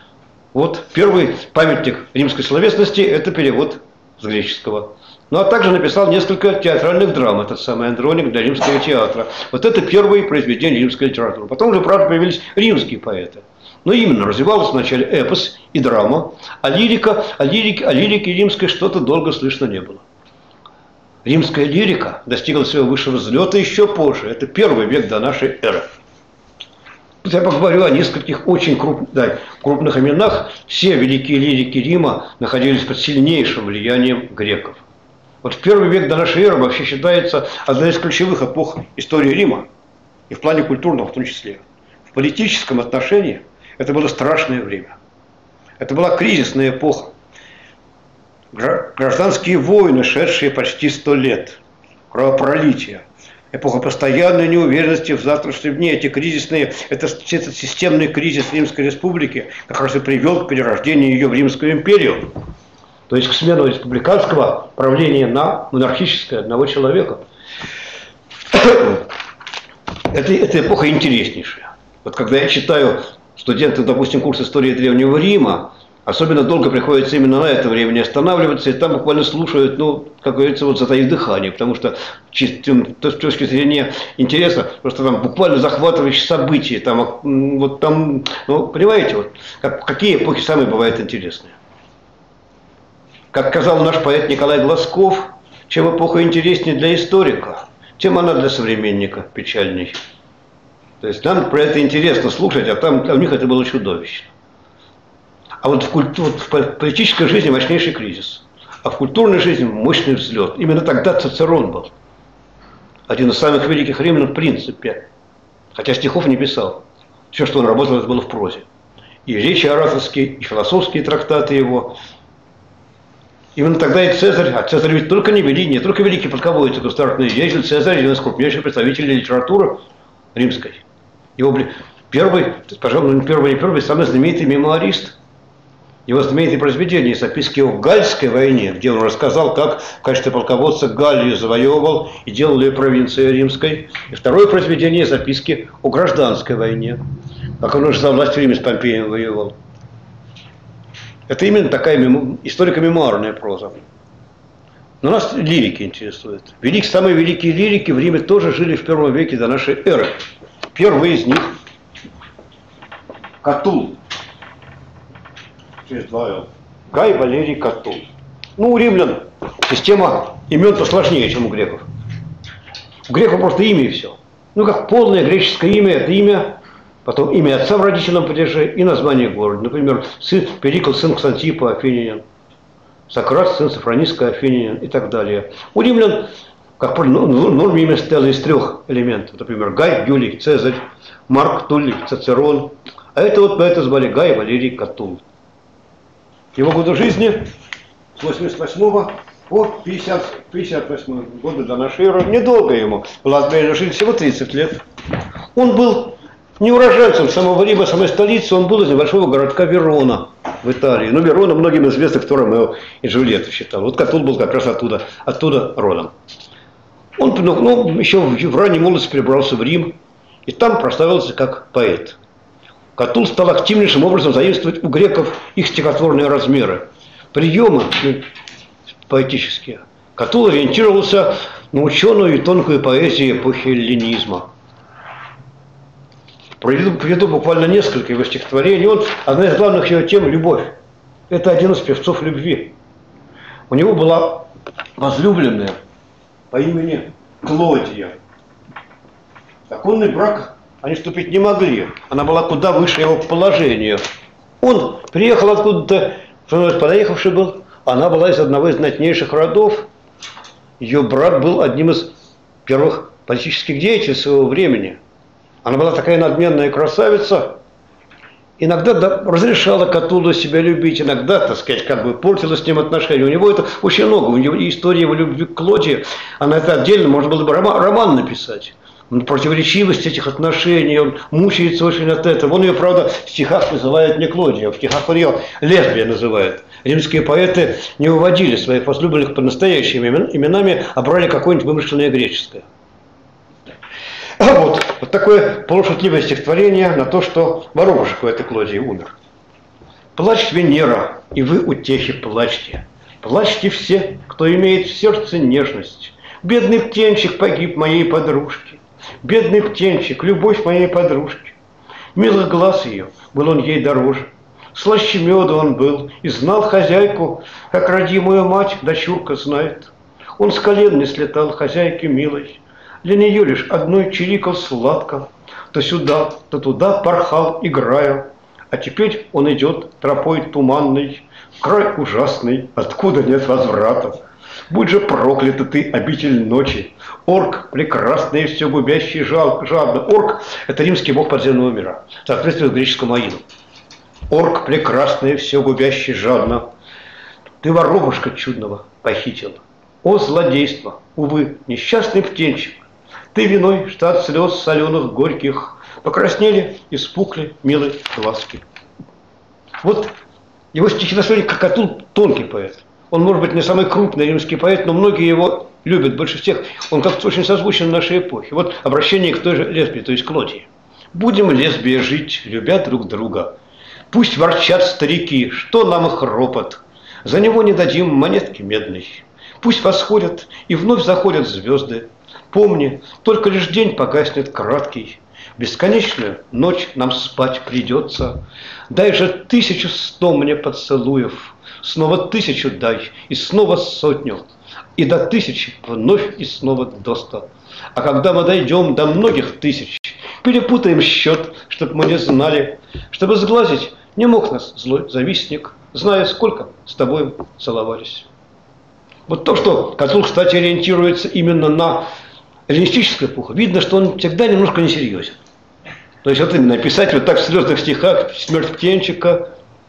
Вот первый памятник римской словесности – это перевод с греческого. Ну, а также написал несколько театральных драм, этот самый Андроник, для римского театра. Вот это первые произведения римской литературы. Потом уже, правда, появились римские поэты. Но именно развивалась вначале эпос и драма, а лирике римской что-то долго слышно не было. Римская лирика достигла своего высшего взлета еще позже. Это 1 век до нашей эры. Я поговорю о нескольких очень крупных именах. Все великие лирики Рима находились под сильнейшим влиянием греков. Вот в первый век до нашей эры вообще считается одной из ключевых эпох истории Рима, и в плане культурного в том числе. В политическом отношении это было страшное время. Это была кризисная эпоха. Гражданские войны, шедшие почти 100 лет, кровопролитие, эпоха постоянной неуверенности в завтрашнем дне. Эти кризисные, этот системный кризис Римской Республики как раз и привел к перерождению ее в Римскую империю. То есть к смену республиканского правления на монархическое одного человека. Это эпоха интереснейшая. Вот когда я читаю студентам, допустим, курс истории Древнего Рима, особенно долго приходится именно на это время не останавливаться, и там буквально слушают, ну, как говорится, вот затаив дыхание, потому что с точки зрения интереса, просто там буквально захватывающие события, там, вот там, ну, понимаете, вот, какие эпохи самые бывают интересные. Как сказал наш поэт Николай Глазков, чем эпоха интереснее для историка, тем она для современника печальней. То есть нам про это интересно слушать, а там у них это было чудовищно. А вот в политической жизни мощнейший кризис, а в культурной жизни мощный взлет. Именно тогда Цицерон был один из самых великих римлян в принципе, хотя стихов не писал. Все, что он работал, это было в прозе. И речи ораторские, и философские трактаты его. Именно тогда и Цезарь, а Цезарь ведь не только великий полководец, государственный деятель, Цезарь один из крупнейших представителей литературы римской. Его первый, пожалуй, не первый, самый знаменитый мемуарист. Его знаменитые произведения, записки о Гальской войне, где он рассказал, как в качестве полководца Галлию завоевывал и делал ее провинцией римской. И второе произведение, записки о гражданской войне, как он уже за власть в Риме с Помпеем воевал. Это именно такая историко-мемуарная проза. Но нас лирики интересуют. Самые великие лирики в Риме тоже жили в первом веке до нашей эры. Первый из них – Катул. Через 2 Л. Гай Валерий Катул. Ну, у римлян система имен посложнее, чем у греков. У греков просто имя и все. Ну, как полное греческое имя – это имя, потом имя отца в родительном падеже и название города. Например, Перикл, сын Ксантипа, афинянин. Сократ, сын Софрониска, афинянин и так далее. У римлян, как правило, норме имя состояло из 3 элементов. Например, Гай, Юлий, Цезарь, Марк, Туллий, Цицерон. А это вот поэта звали Гай Валерий Катул. Его годы жизни с 88 по 58 годы до нашей эры. Недолго ему. Была жизнь всего 30 лет. Он был не уроженцем самого Рима, самой столицы. Он был из небольшого городка Верона в Италии. Но Верона многим известна, кто Ромео и Джульетту считал. Вот Катул был как раз оттуда родом. Он еще в ранней молодости перебрался в Рим и там прославился как поэт. Катул стал активнейшим образом заимствовать у греков их стихотворные размеры, приемы поэтические. Катул ориентировался на ученую и тонкую поэзию эпохи эллинизма. Приведу буквально несколько его стихотворений. Одна из главных его тем – любовь. Это один из певцов любви. У него была возлюбленная по имени Клодия. Законный брак они вступить не могли. Она была куда выше его положения. Он приехал откуда-то, подъехавший был. Она была из одного из знатнейших родов. Ее брат был одним из первых политических деятелей своего времени. Она была такая надменная красавица. Иногда разрешала Катулу себя любить, иногда, так сказать, как бы портила с ним отношения. У него это очень много. У него история его любви к Клодии, она это отдельно, можно было бы роман написать. Противоречивость этих отношений, он мучается очень от этого. Он ее, правда, в стихах называет не Клодия, в стихах он ее лесбия называет. Римские поэты не выводили своих возлюбленных под настоящими именами, а брали какое-нибудь вымышленное греческое. Вот такое полушутливое стихотворение на то, что воробушек у этой Клодии умер. «Плачь, Венера, и вы, утехи, плачьте. Плачьте все, кто имеет в сердце нежность. Бедный птенчик погиб моей подружки. Бедный птенчик, любовь моей подружки. Милых глаз ее, был он ей дороже. Слаще меда он был и знал хозяйку, как родимую мать дочурка знает. Он с колен не слетал хозяйке милой. Для нее лишь одной чирикал сладко. то сюда, то туда порхал, играя. А теперь он идет тропой туманной, край ужасный, откуда нет возврата. Будь же проклята ты, обитель ночи, орк, прекрасный и все губящий жадно. Орк – это римский бог подземного мира, соответствует греческому Аиду. Орк, прекрасный и все губящий жадно, ты воробушка чудного похитил. О, злодейство, увы, несчастный птенчик, ты виной, что от слез соленых горьких покраснели и спухли милые глазки. Вот его стихи настроили, как Катул, тонкий поэт. Он, может быть, не самый крупный римский поэт, но многие его любят больше всех. Он как-то очень созвучен нашей эпохе. Вот обращение к той же лесбии, то есть Клодии. «Будем, лесбия, жить, любя друг друга. Пусть ворчат старики, что нам их ропот. За него не дадим монетки медной. Пусть восходят и вновь заходят звезды. Помни, только лишь день погаснет краткий. Бесконечную ночь нам спать придется. Дай же 1100 мне поцелуев, снова 1000 дай, и снова 100, и до 1000 вновь и снова до 100. А когда мы дойдем до многих тысяч, перепутаем счет, чтоб мы не знали, чтобы сглазить не мог нас злой завистник, зная, сколько с тобой целовались». Вот то, что Катул, кстати, ориентируется именно на эллинистическую эпоху, видно, что он всегда немножко несерьезен. То есть вот именно написать вот так в слезных стихах «Смерть птенчика».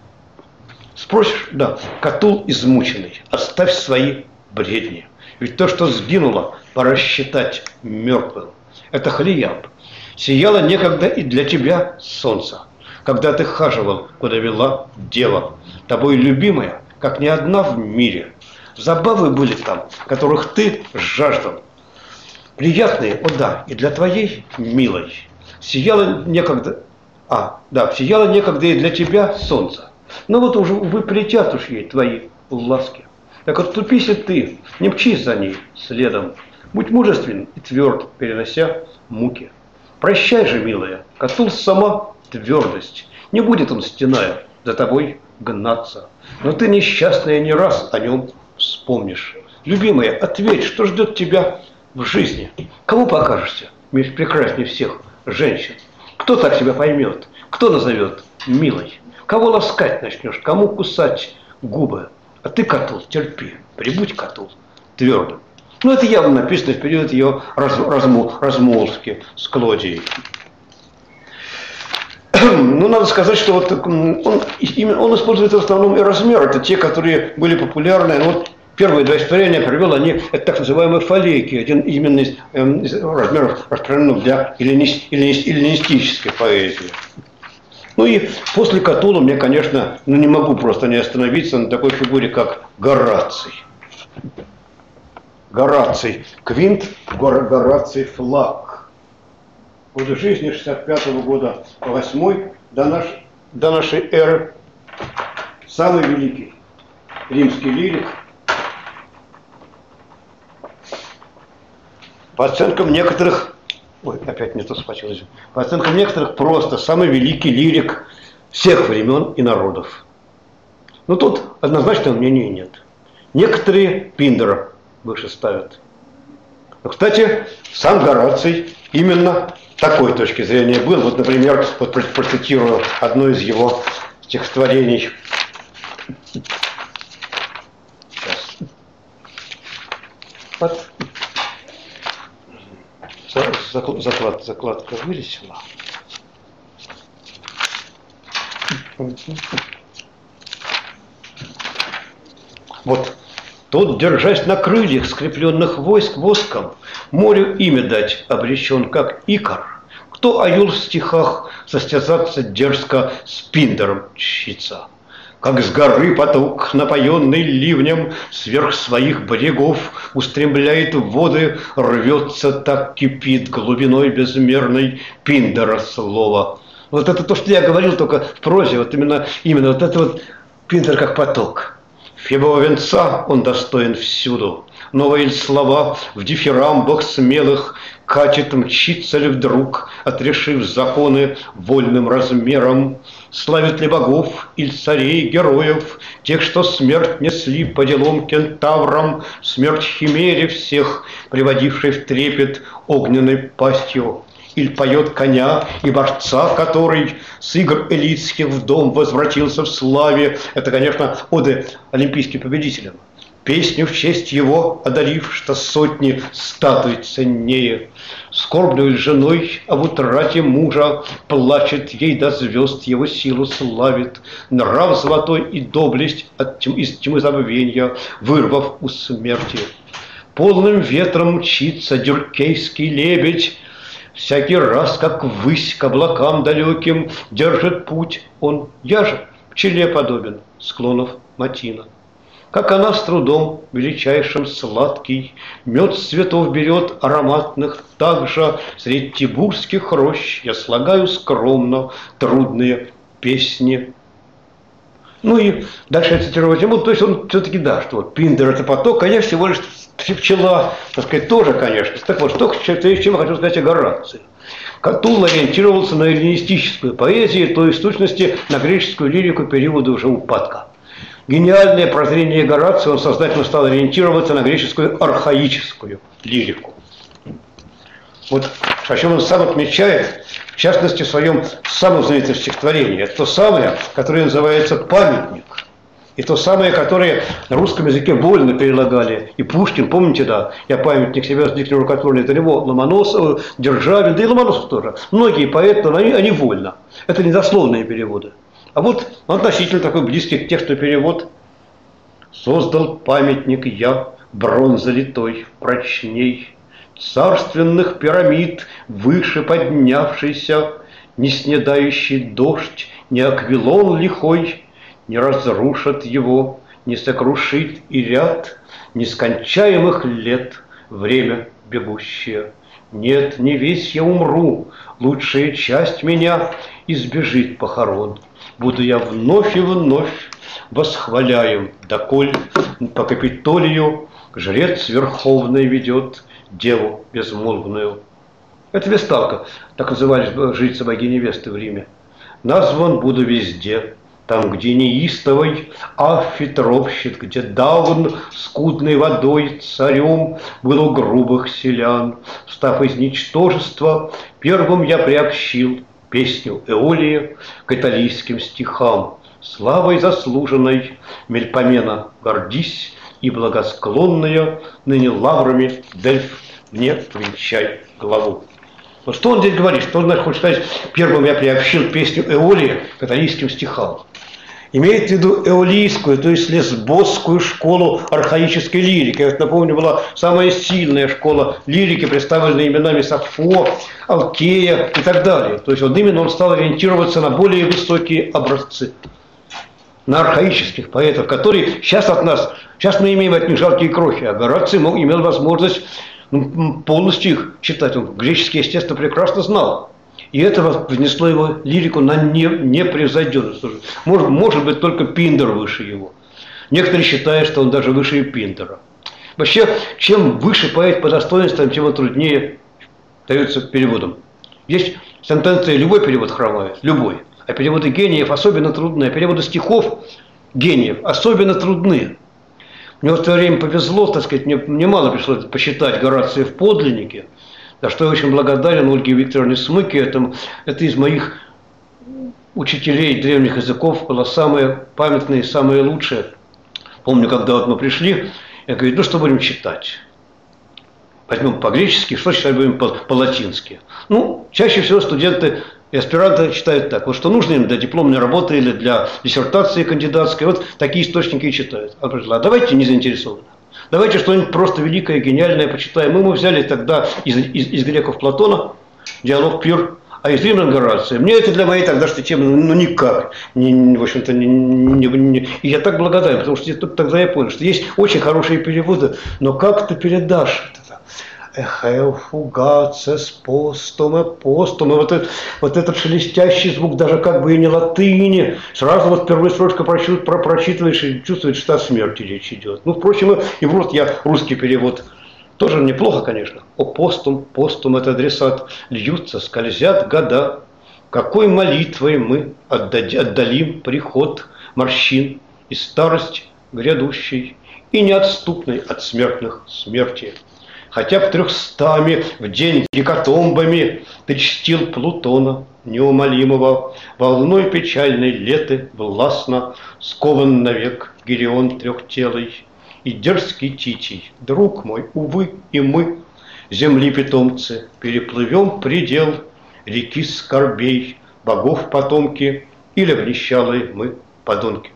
Спросишь, да, Катул измученный, оставь свои бредни. Ведь то, что сгинуло, пора считать мертвым. Это Хлеяб. Сияло некогда и для тебя солнце, когда ты хаживал, куда вела дева, тобой любимая, как ни одна в мире. Забавы были там, которых ты жаждал. Приятные, о да, и для твоей милой. Сияло некогда, сияло некогда и для тебя солнце. Но вот уже, увы, прилетят уж ей твои ласки. Так отступись и ты, не мчись за ней следом. Будь мужествен и тверд, перенося муки. Прощай же, милая, Катул сама твердость. Не будет он, стеная, за тобой гнаться. Но ты, несчастная, не раз о нем вспомнишь. Любимая, ответь, что ждет тебя в жизни. Кому покажешься прекраснее всех женщин? Кто так тебя поймет? Кто назовет милой? Кого ласкать начнешь? Кому кусать губы? А ты, Катул, терпи, прибудь, Катул, твердым. Ну, это явно написано в период ее размолвки с Клодией. Ну, надо сказать, что вот он использует в основном и размер. Это те, которые были популярны. Ну, вот первые два стихотворения привел, это так называемые фалейки, один именно из размеров, распространенных для эллинистической поэзии. Ну и после Катула мне, конечно, не могу просто не остановиться на такой фигуре, как Гораций. Гораций Квинт, Гораций Флаг. Годы жизни 65-го года по 8 до нашей эры. Самый великий римский лирик. По оценкам некоторых, опять не то схватилось. По оценкам некоторых, просто самый великий лирик всех времен и народов. Но тут однозначного мнения нет. Некоторые Пиндара выше ставят. Но, кстати, сам Гораций именно такой точки зрения был. Вот, например, вот процитирую одно из его стихотворений. Сейчас. Вот. Закладка вылезла. Вот. Тот, держась на крыльях, скрепленных войск воском, морю имя дать обречен, как Икар. Кто Аюл в стихах состязаться дерзко с Пиндаром чтится. Как с горы поток, напоенный ливнем, сверх своих берегов устремляет воды, рвется, так кипит глубиной безмерной Пиндара слово. Вот это то, что я говорил только в прозе, вот именно вот это вот Пиндар как поток. Фебового венца он достоин всюду. Новые слова в дифирамбах смелых катит, мчится ли вдруг, отрешив законы вольным размером. Славит ли богов или царей, героев, тех, что смерть несли по делам кентаврам, смерть химере всех, приводившей в трепет огненной пастью. или поет коня и борца, который с игр элитских в дом возвратился в славе. Это, конечно, оды олимпийским победителям. Песню в честь его, одарив, что сотни статуй ценнее. Скорбную женой об утрате мужа плачет, ей до звезд его силу славит. Нрав золотой и доблесть из тьмы забвенья, вырвав у смерти. Полным ветром мчится дюркейский лебедь, всякий раз, как ввысь к облакам далеким держит путь он. Я же пчеле подобен склонов Матина. Как она с трудом величайшим сладкий мед с цветов берет ароматных, так же средь тибурских рощ я слагаю скромно трудные песни. Ну и дальше я цитировать ему, то есть он все-таки, да, что вот Пиндер это поток, а я всего лишь пчела, так сказать, тоже, конечно. Так вот, что чем я хочу сказать о Горации. Катул ориентировался на эллинистическую поэзию, то есть в сущности на греческую лирику периода уже упадка. Гениальное прозрение Горация, он сознательно стал ориентироваться на греческую архаическую лирику. Вот о чем он сам отмечает, в частности, в своем самом знаменитом стихотворении. Это то самое, которое называется «Памятник». И то самое, которое на русском языке вольно перелагали. И Пушкин, помните, да, «Я памятник себя с диктором рукотворный», это него, Ломоносов, Державин, да и Ломоносов тоже. Многие поэты, но они вольно. Это недословные переводы. А вот относительно такой близкий к тексту перевод. «Создал памятник я, бронза литой, прочней, царственных пирамид, выше поднявшийся, не снедающий дождь, не аквилон лихой, не разрушит его, не сокрушит и ряд нескончаемых лет, время бегущее. Нет, не весь я умру, лучшая часть меня избежит похорон. Буду я вновь и вновь восхваляем, доколь по Капитолию жрец верховный ведет деву безмолвную». Это Весталка, так назывались жрицы богини Весты в Риме. «Назван буду везде, там, где неистовый Аффи тропщет, где Давн скудной водой царем был у грубых селян. Став из ничтожества, первым я приобщил песню Эолии к италийским стихам. Славой заслуженной Мельпомена гордись, и благосклонная ныне лаврами Дельф мне венчай главу». Вот что он здесь говорит? Что он хочет сказать? Первым я приобщил песню Эолии к италийским стихам. Имеет в виду эолийскую, то есть лесбосскую школу архаической лирики. Я напомню, была самая сильная школа лирики, представленная именами Сафо, Алкея и так далее. То есть он стал ориентироваться на более высокие образцы, на архаических поэтов, которые сейчас мы имеем от них жалкие крохи, а Гораций имел возможность полностью их читать. Он греческий, естественно, прекрасно знал. И это внесло его лирику на непревзойденность. Может быть, только Пиндер выше его. Некоторые считают, что он даже выше Пиндера. Вообще, чем выше поэт по достоинствам, тем он труднее дается переводом. Есть сентенция, любой перевод хромает, любой. А переводы гениев особенно трудны. А переводы стихов гениев особенно трудны. Мне в то время повезло, так сказать, мне мало пришлось посчитать Горация в подлиннике, за что я очень благодарен Ольге Викторовне Смыке. Это из моих учителей древних языков было самое памятное и самое лучшее. Помню, когда вот мы пришли, я говорю, ну что будем читать? Возьмем по-гречески, что читать будем по-латински? Ну, чаще всего студенты и аспиранты читают так, вот что нужно им для дипломной работы или для диссертации кандидатской, вот такие источники и читают. А давайте не заинтересованно. Давайте что-нибудь просто великое, гениальное почитаем. Мы взяли тогда из греков Платона, диалог Пир, а из римлян Горация. Мне это для моей тогдашней темы никак. В общем-то, и я так благодарен, потому что тогда я понял, что есть очень хорошие переводы, но как ты передашь это? Эхео фугацес постуме постуме. Вот этот шелестящий звук, даже как бы и не латыни. Сразу вот первая строчка прочитываешь и чувствуешь, что о смерти речь идет. Ну, впрочем, и вот я русский перевод. Тоже неплохо, конечно. О постум, постум это адресат. Льются, скользят года. Какой молитвой мы отдалим приход морщин и старость грядущей и неотступной от смертных смерти. хотя б 300 в день гекатомбами ты чтил Плутона неумолимого, волной печальной леты властно скован навек Гирион трехтелый. И дерзкий Титий, друг мой, увы, и мы, земли питомцы, переплывем предел реки скорбей, богов потомки, или в нищалые мы подонки.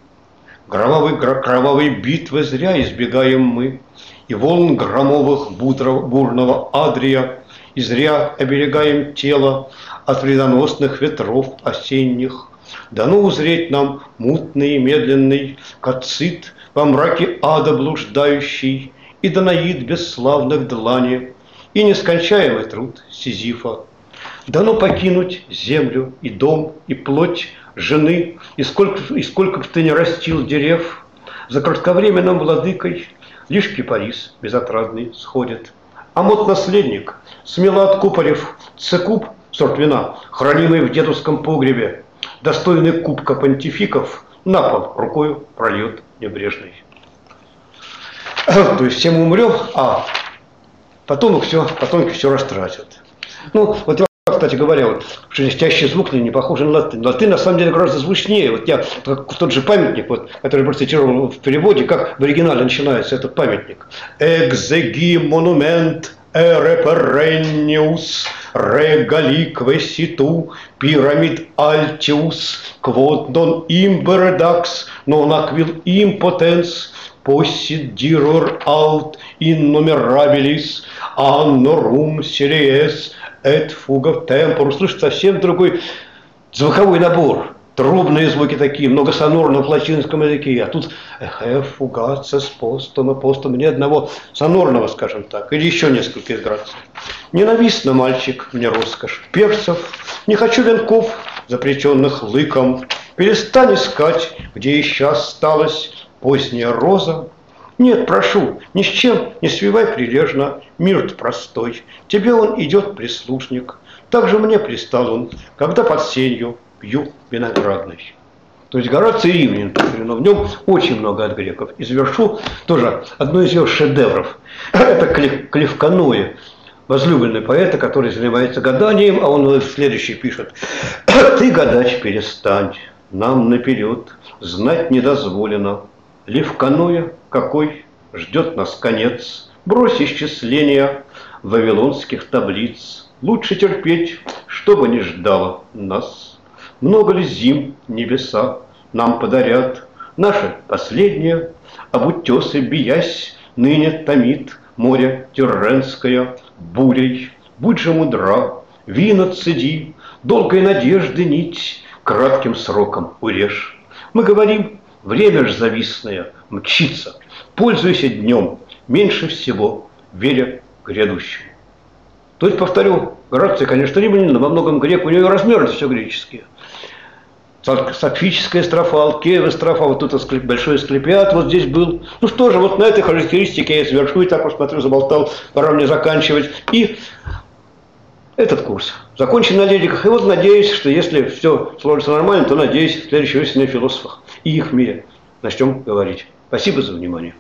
Кровавой битвы зря избегаем мы, и волн громовых бурного Адрия, и зря оберегаем тело от вредоносных ветров осенних. Дано узреть нам мутный и медленный Кацит, во мраке ада блуждающий, и Данаид бесславных длани, и нескончаемый труд Сизифа. Дано покинуть землю и дом, и плоть жены, и сколько ты не растил дерев, за кратковременным владыкой лишь кипарис безотрадный сходит. А мот наследник, смело откупорив цекуб, сорт вина, хранимый в дедовском погребе, достойный кубка понтификов, на пол рукою прольет небрежный. То есть все мы умрем, а потомки все растратят. Ну, вот я, кстати говоря, вот шелестящий звук не похож на латынь. Латынь на самом деле гораздо звучнее. Вот я тот же памятник, вот, который процитировал в переводе, как в оригинале начинается этот памятник. Экзеги монумент эреперенниус регаликве ситу пирамид альтиус квот нон имбердакс нон аквил импотенс посит дирор аут иннумерабилис аннорум сериес эт фуга темпор. Слышит совсем другой звуковой набор. Трубные звуки такие, многосонорные в латинском языке. А тут фугация с постом, ни одного сонорного, скажем так, или еще несколько из граций. Ненавистно, мальчик, мне роскошь перцев, не хочу венков, запреченных лыком. Перестань искать, где еще осталась поздняя роза. Нет, прошу, ни с чем не свивай прилежно мир простой. Тебе он идет прислушник, так же мне пристал он, когда под сенью пью виноградный. То есть Гораций Римлянин, но в нем очень много от греков. И завершу тоже одно из его шедевров. Это Клевконоe, возлюбленный поэта, который занимается гаданием, а он следующий пишет. Ты гадать перестань, нам наперед знать не дозволено. Левконоe какой ждет нас конец. Брось исчисления вавилонских таблиц. Лучше терпеть, чтобы не ждало нас. Много ли зим небеса нам подарят? Наше последнее, об утесы биясь, ныне томит море Тирренское бурей. Будь же мудра, вина цеди, долгой надежды нить кратким сроком урежь. Мы говорим, время ж завистное мчится, пользуйся днем, меньше всего веря грядущему. То есть, повторю, Гораций, конечно, римлянин, но во многом грек, у него размеры все греческие. Сапфическая строфа, Алкеева строфа, вот тут большой Асклепиад вот здесь был. Ну что же, вот на этой характеристике я завершу, и так вот смотрю, заболтал, пора мне заканчивать. И этот курс закончен на лириках. И вот надеюсь, что если все сложится нормально, то надеюсь, в следующей осени о философах и их мире начнем говорить. Спасибо за внимание.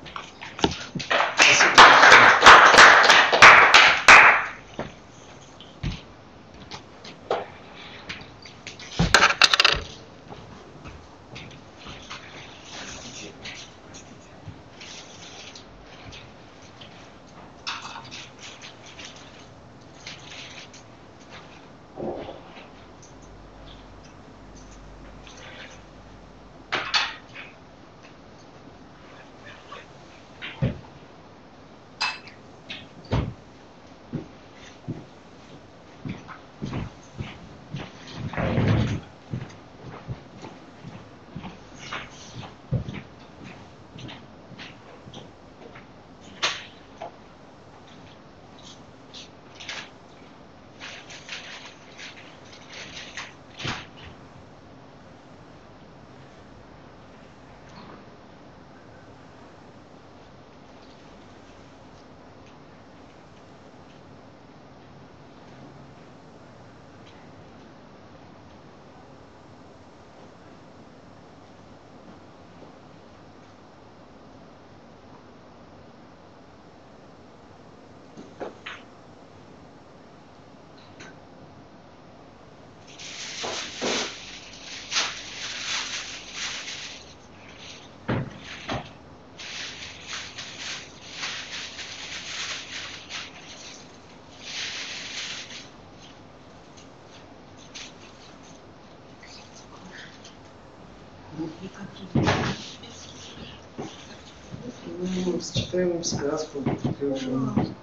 Ну, сочетаем сказку, ты уже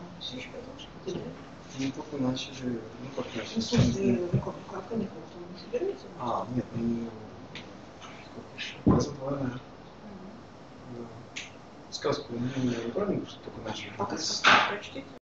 не только начали, ну как начали. Ну, слушайте, ну как каникулы, то не собираете? Нет, ну, раза два, наверное. Да. Сказку, ну, не правильно, что только начали. Пока сказку прочтите.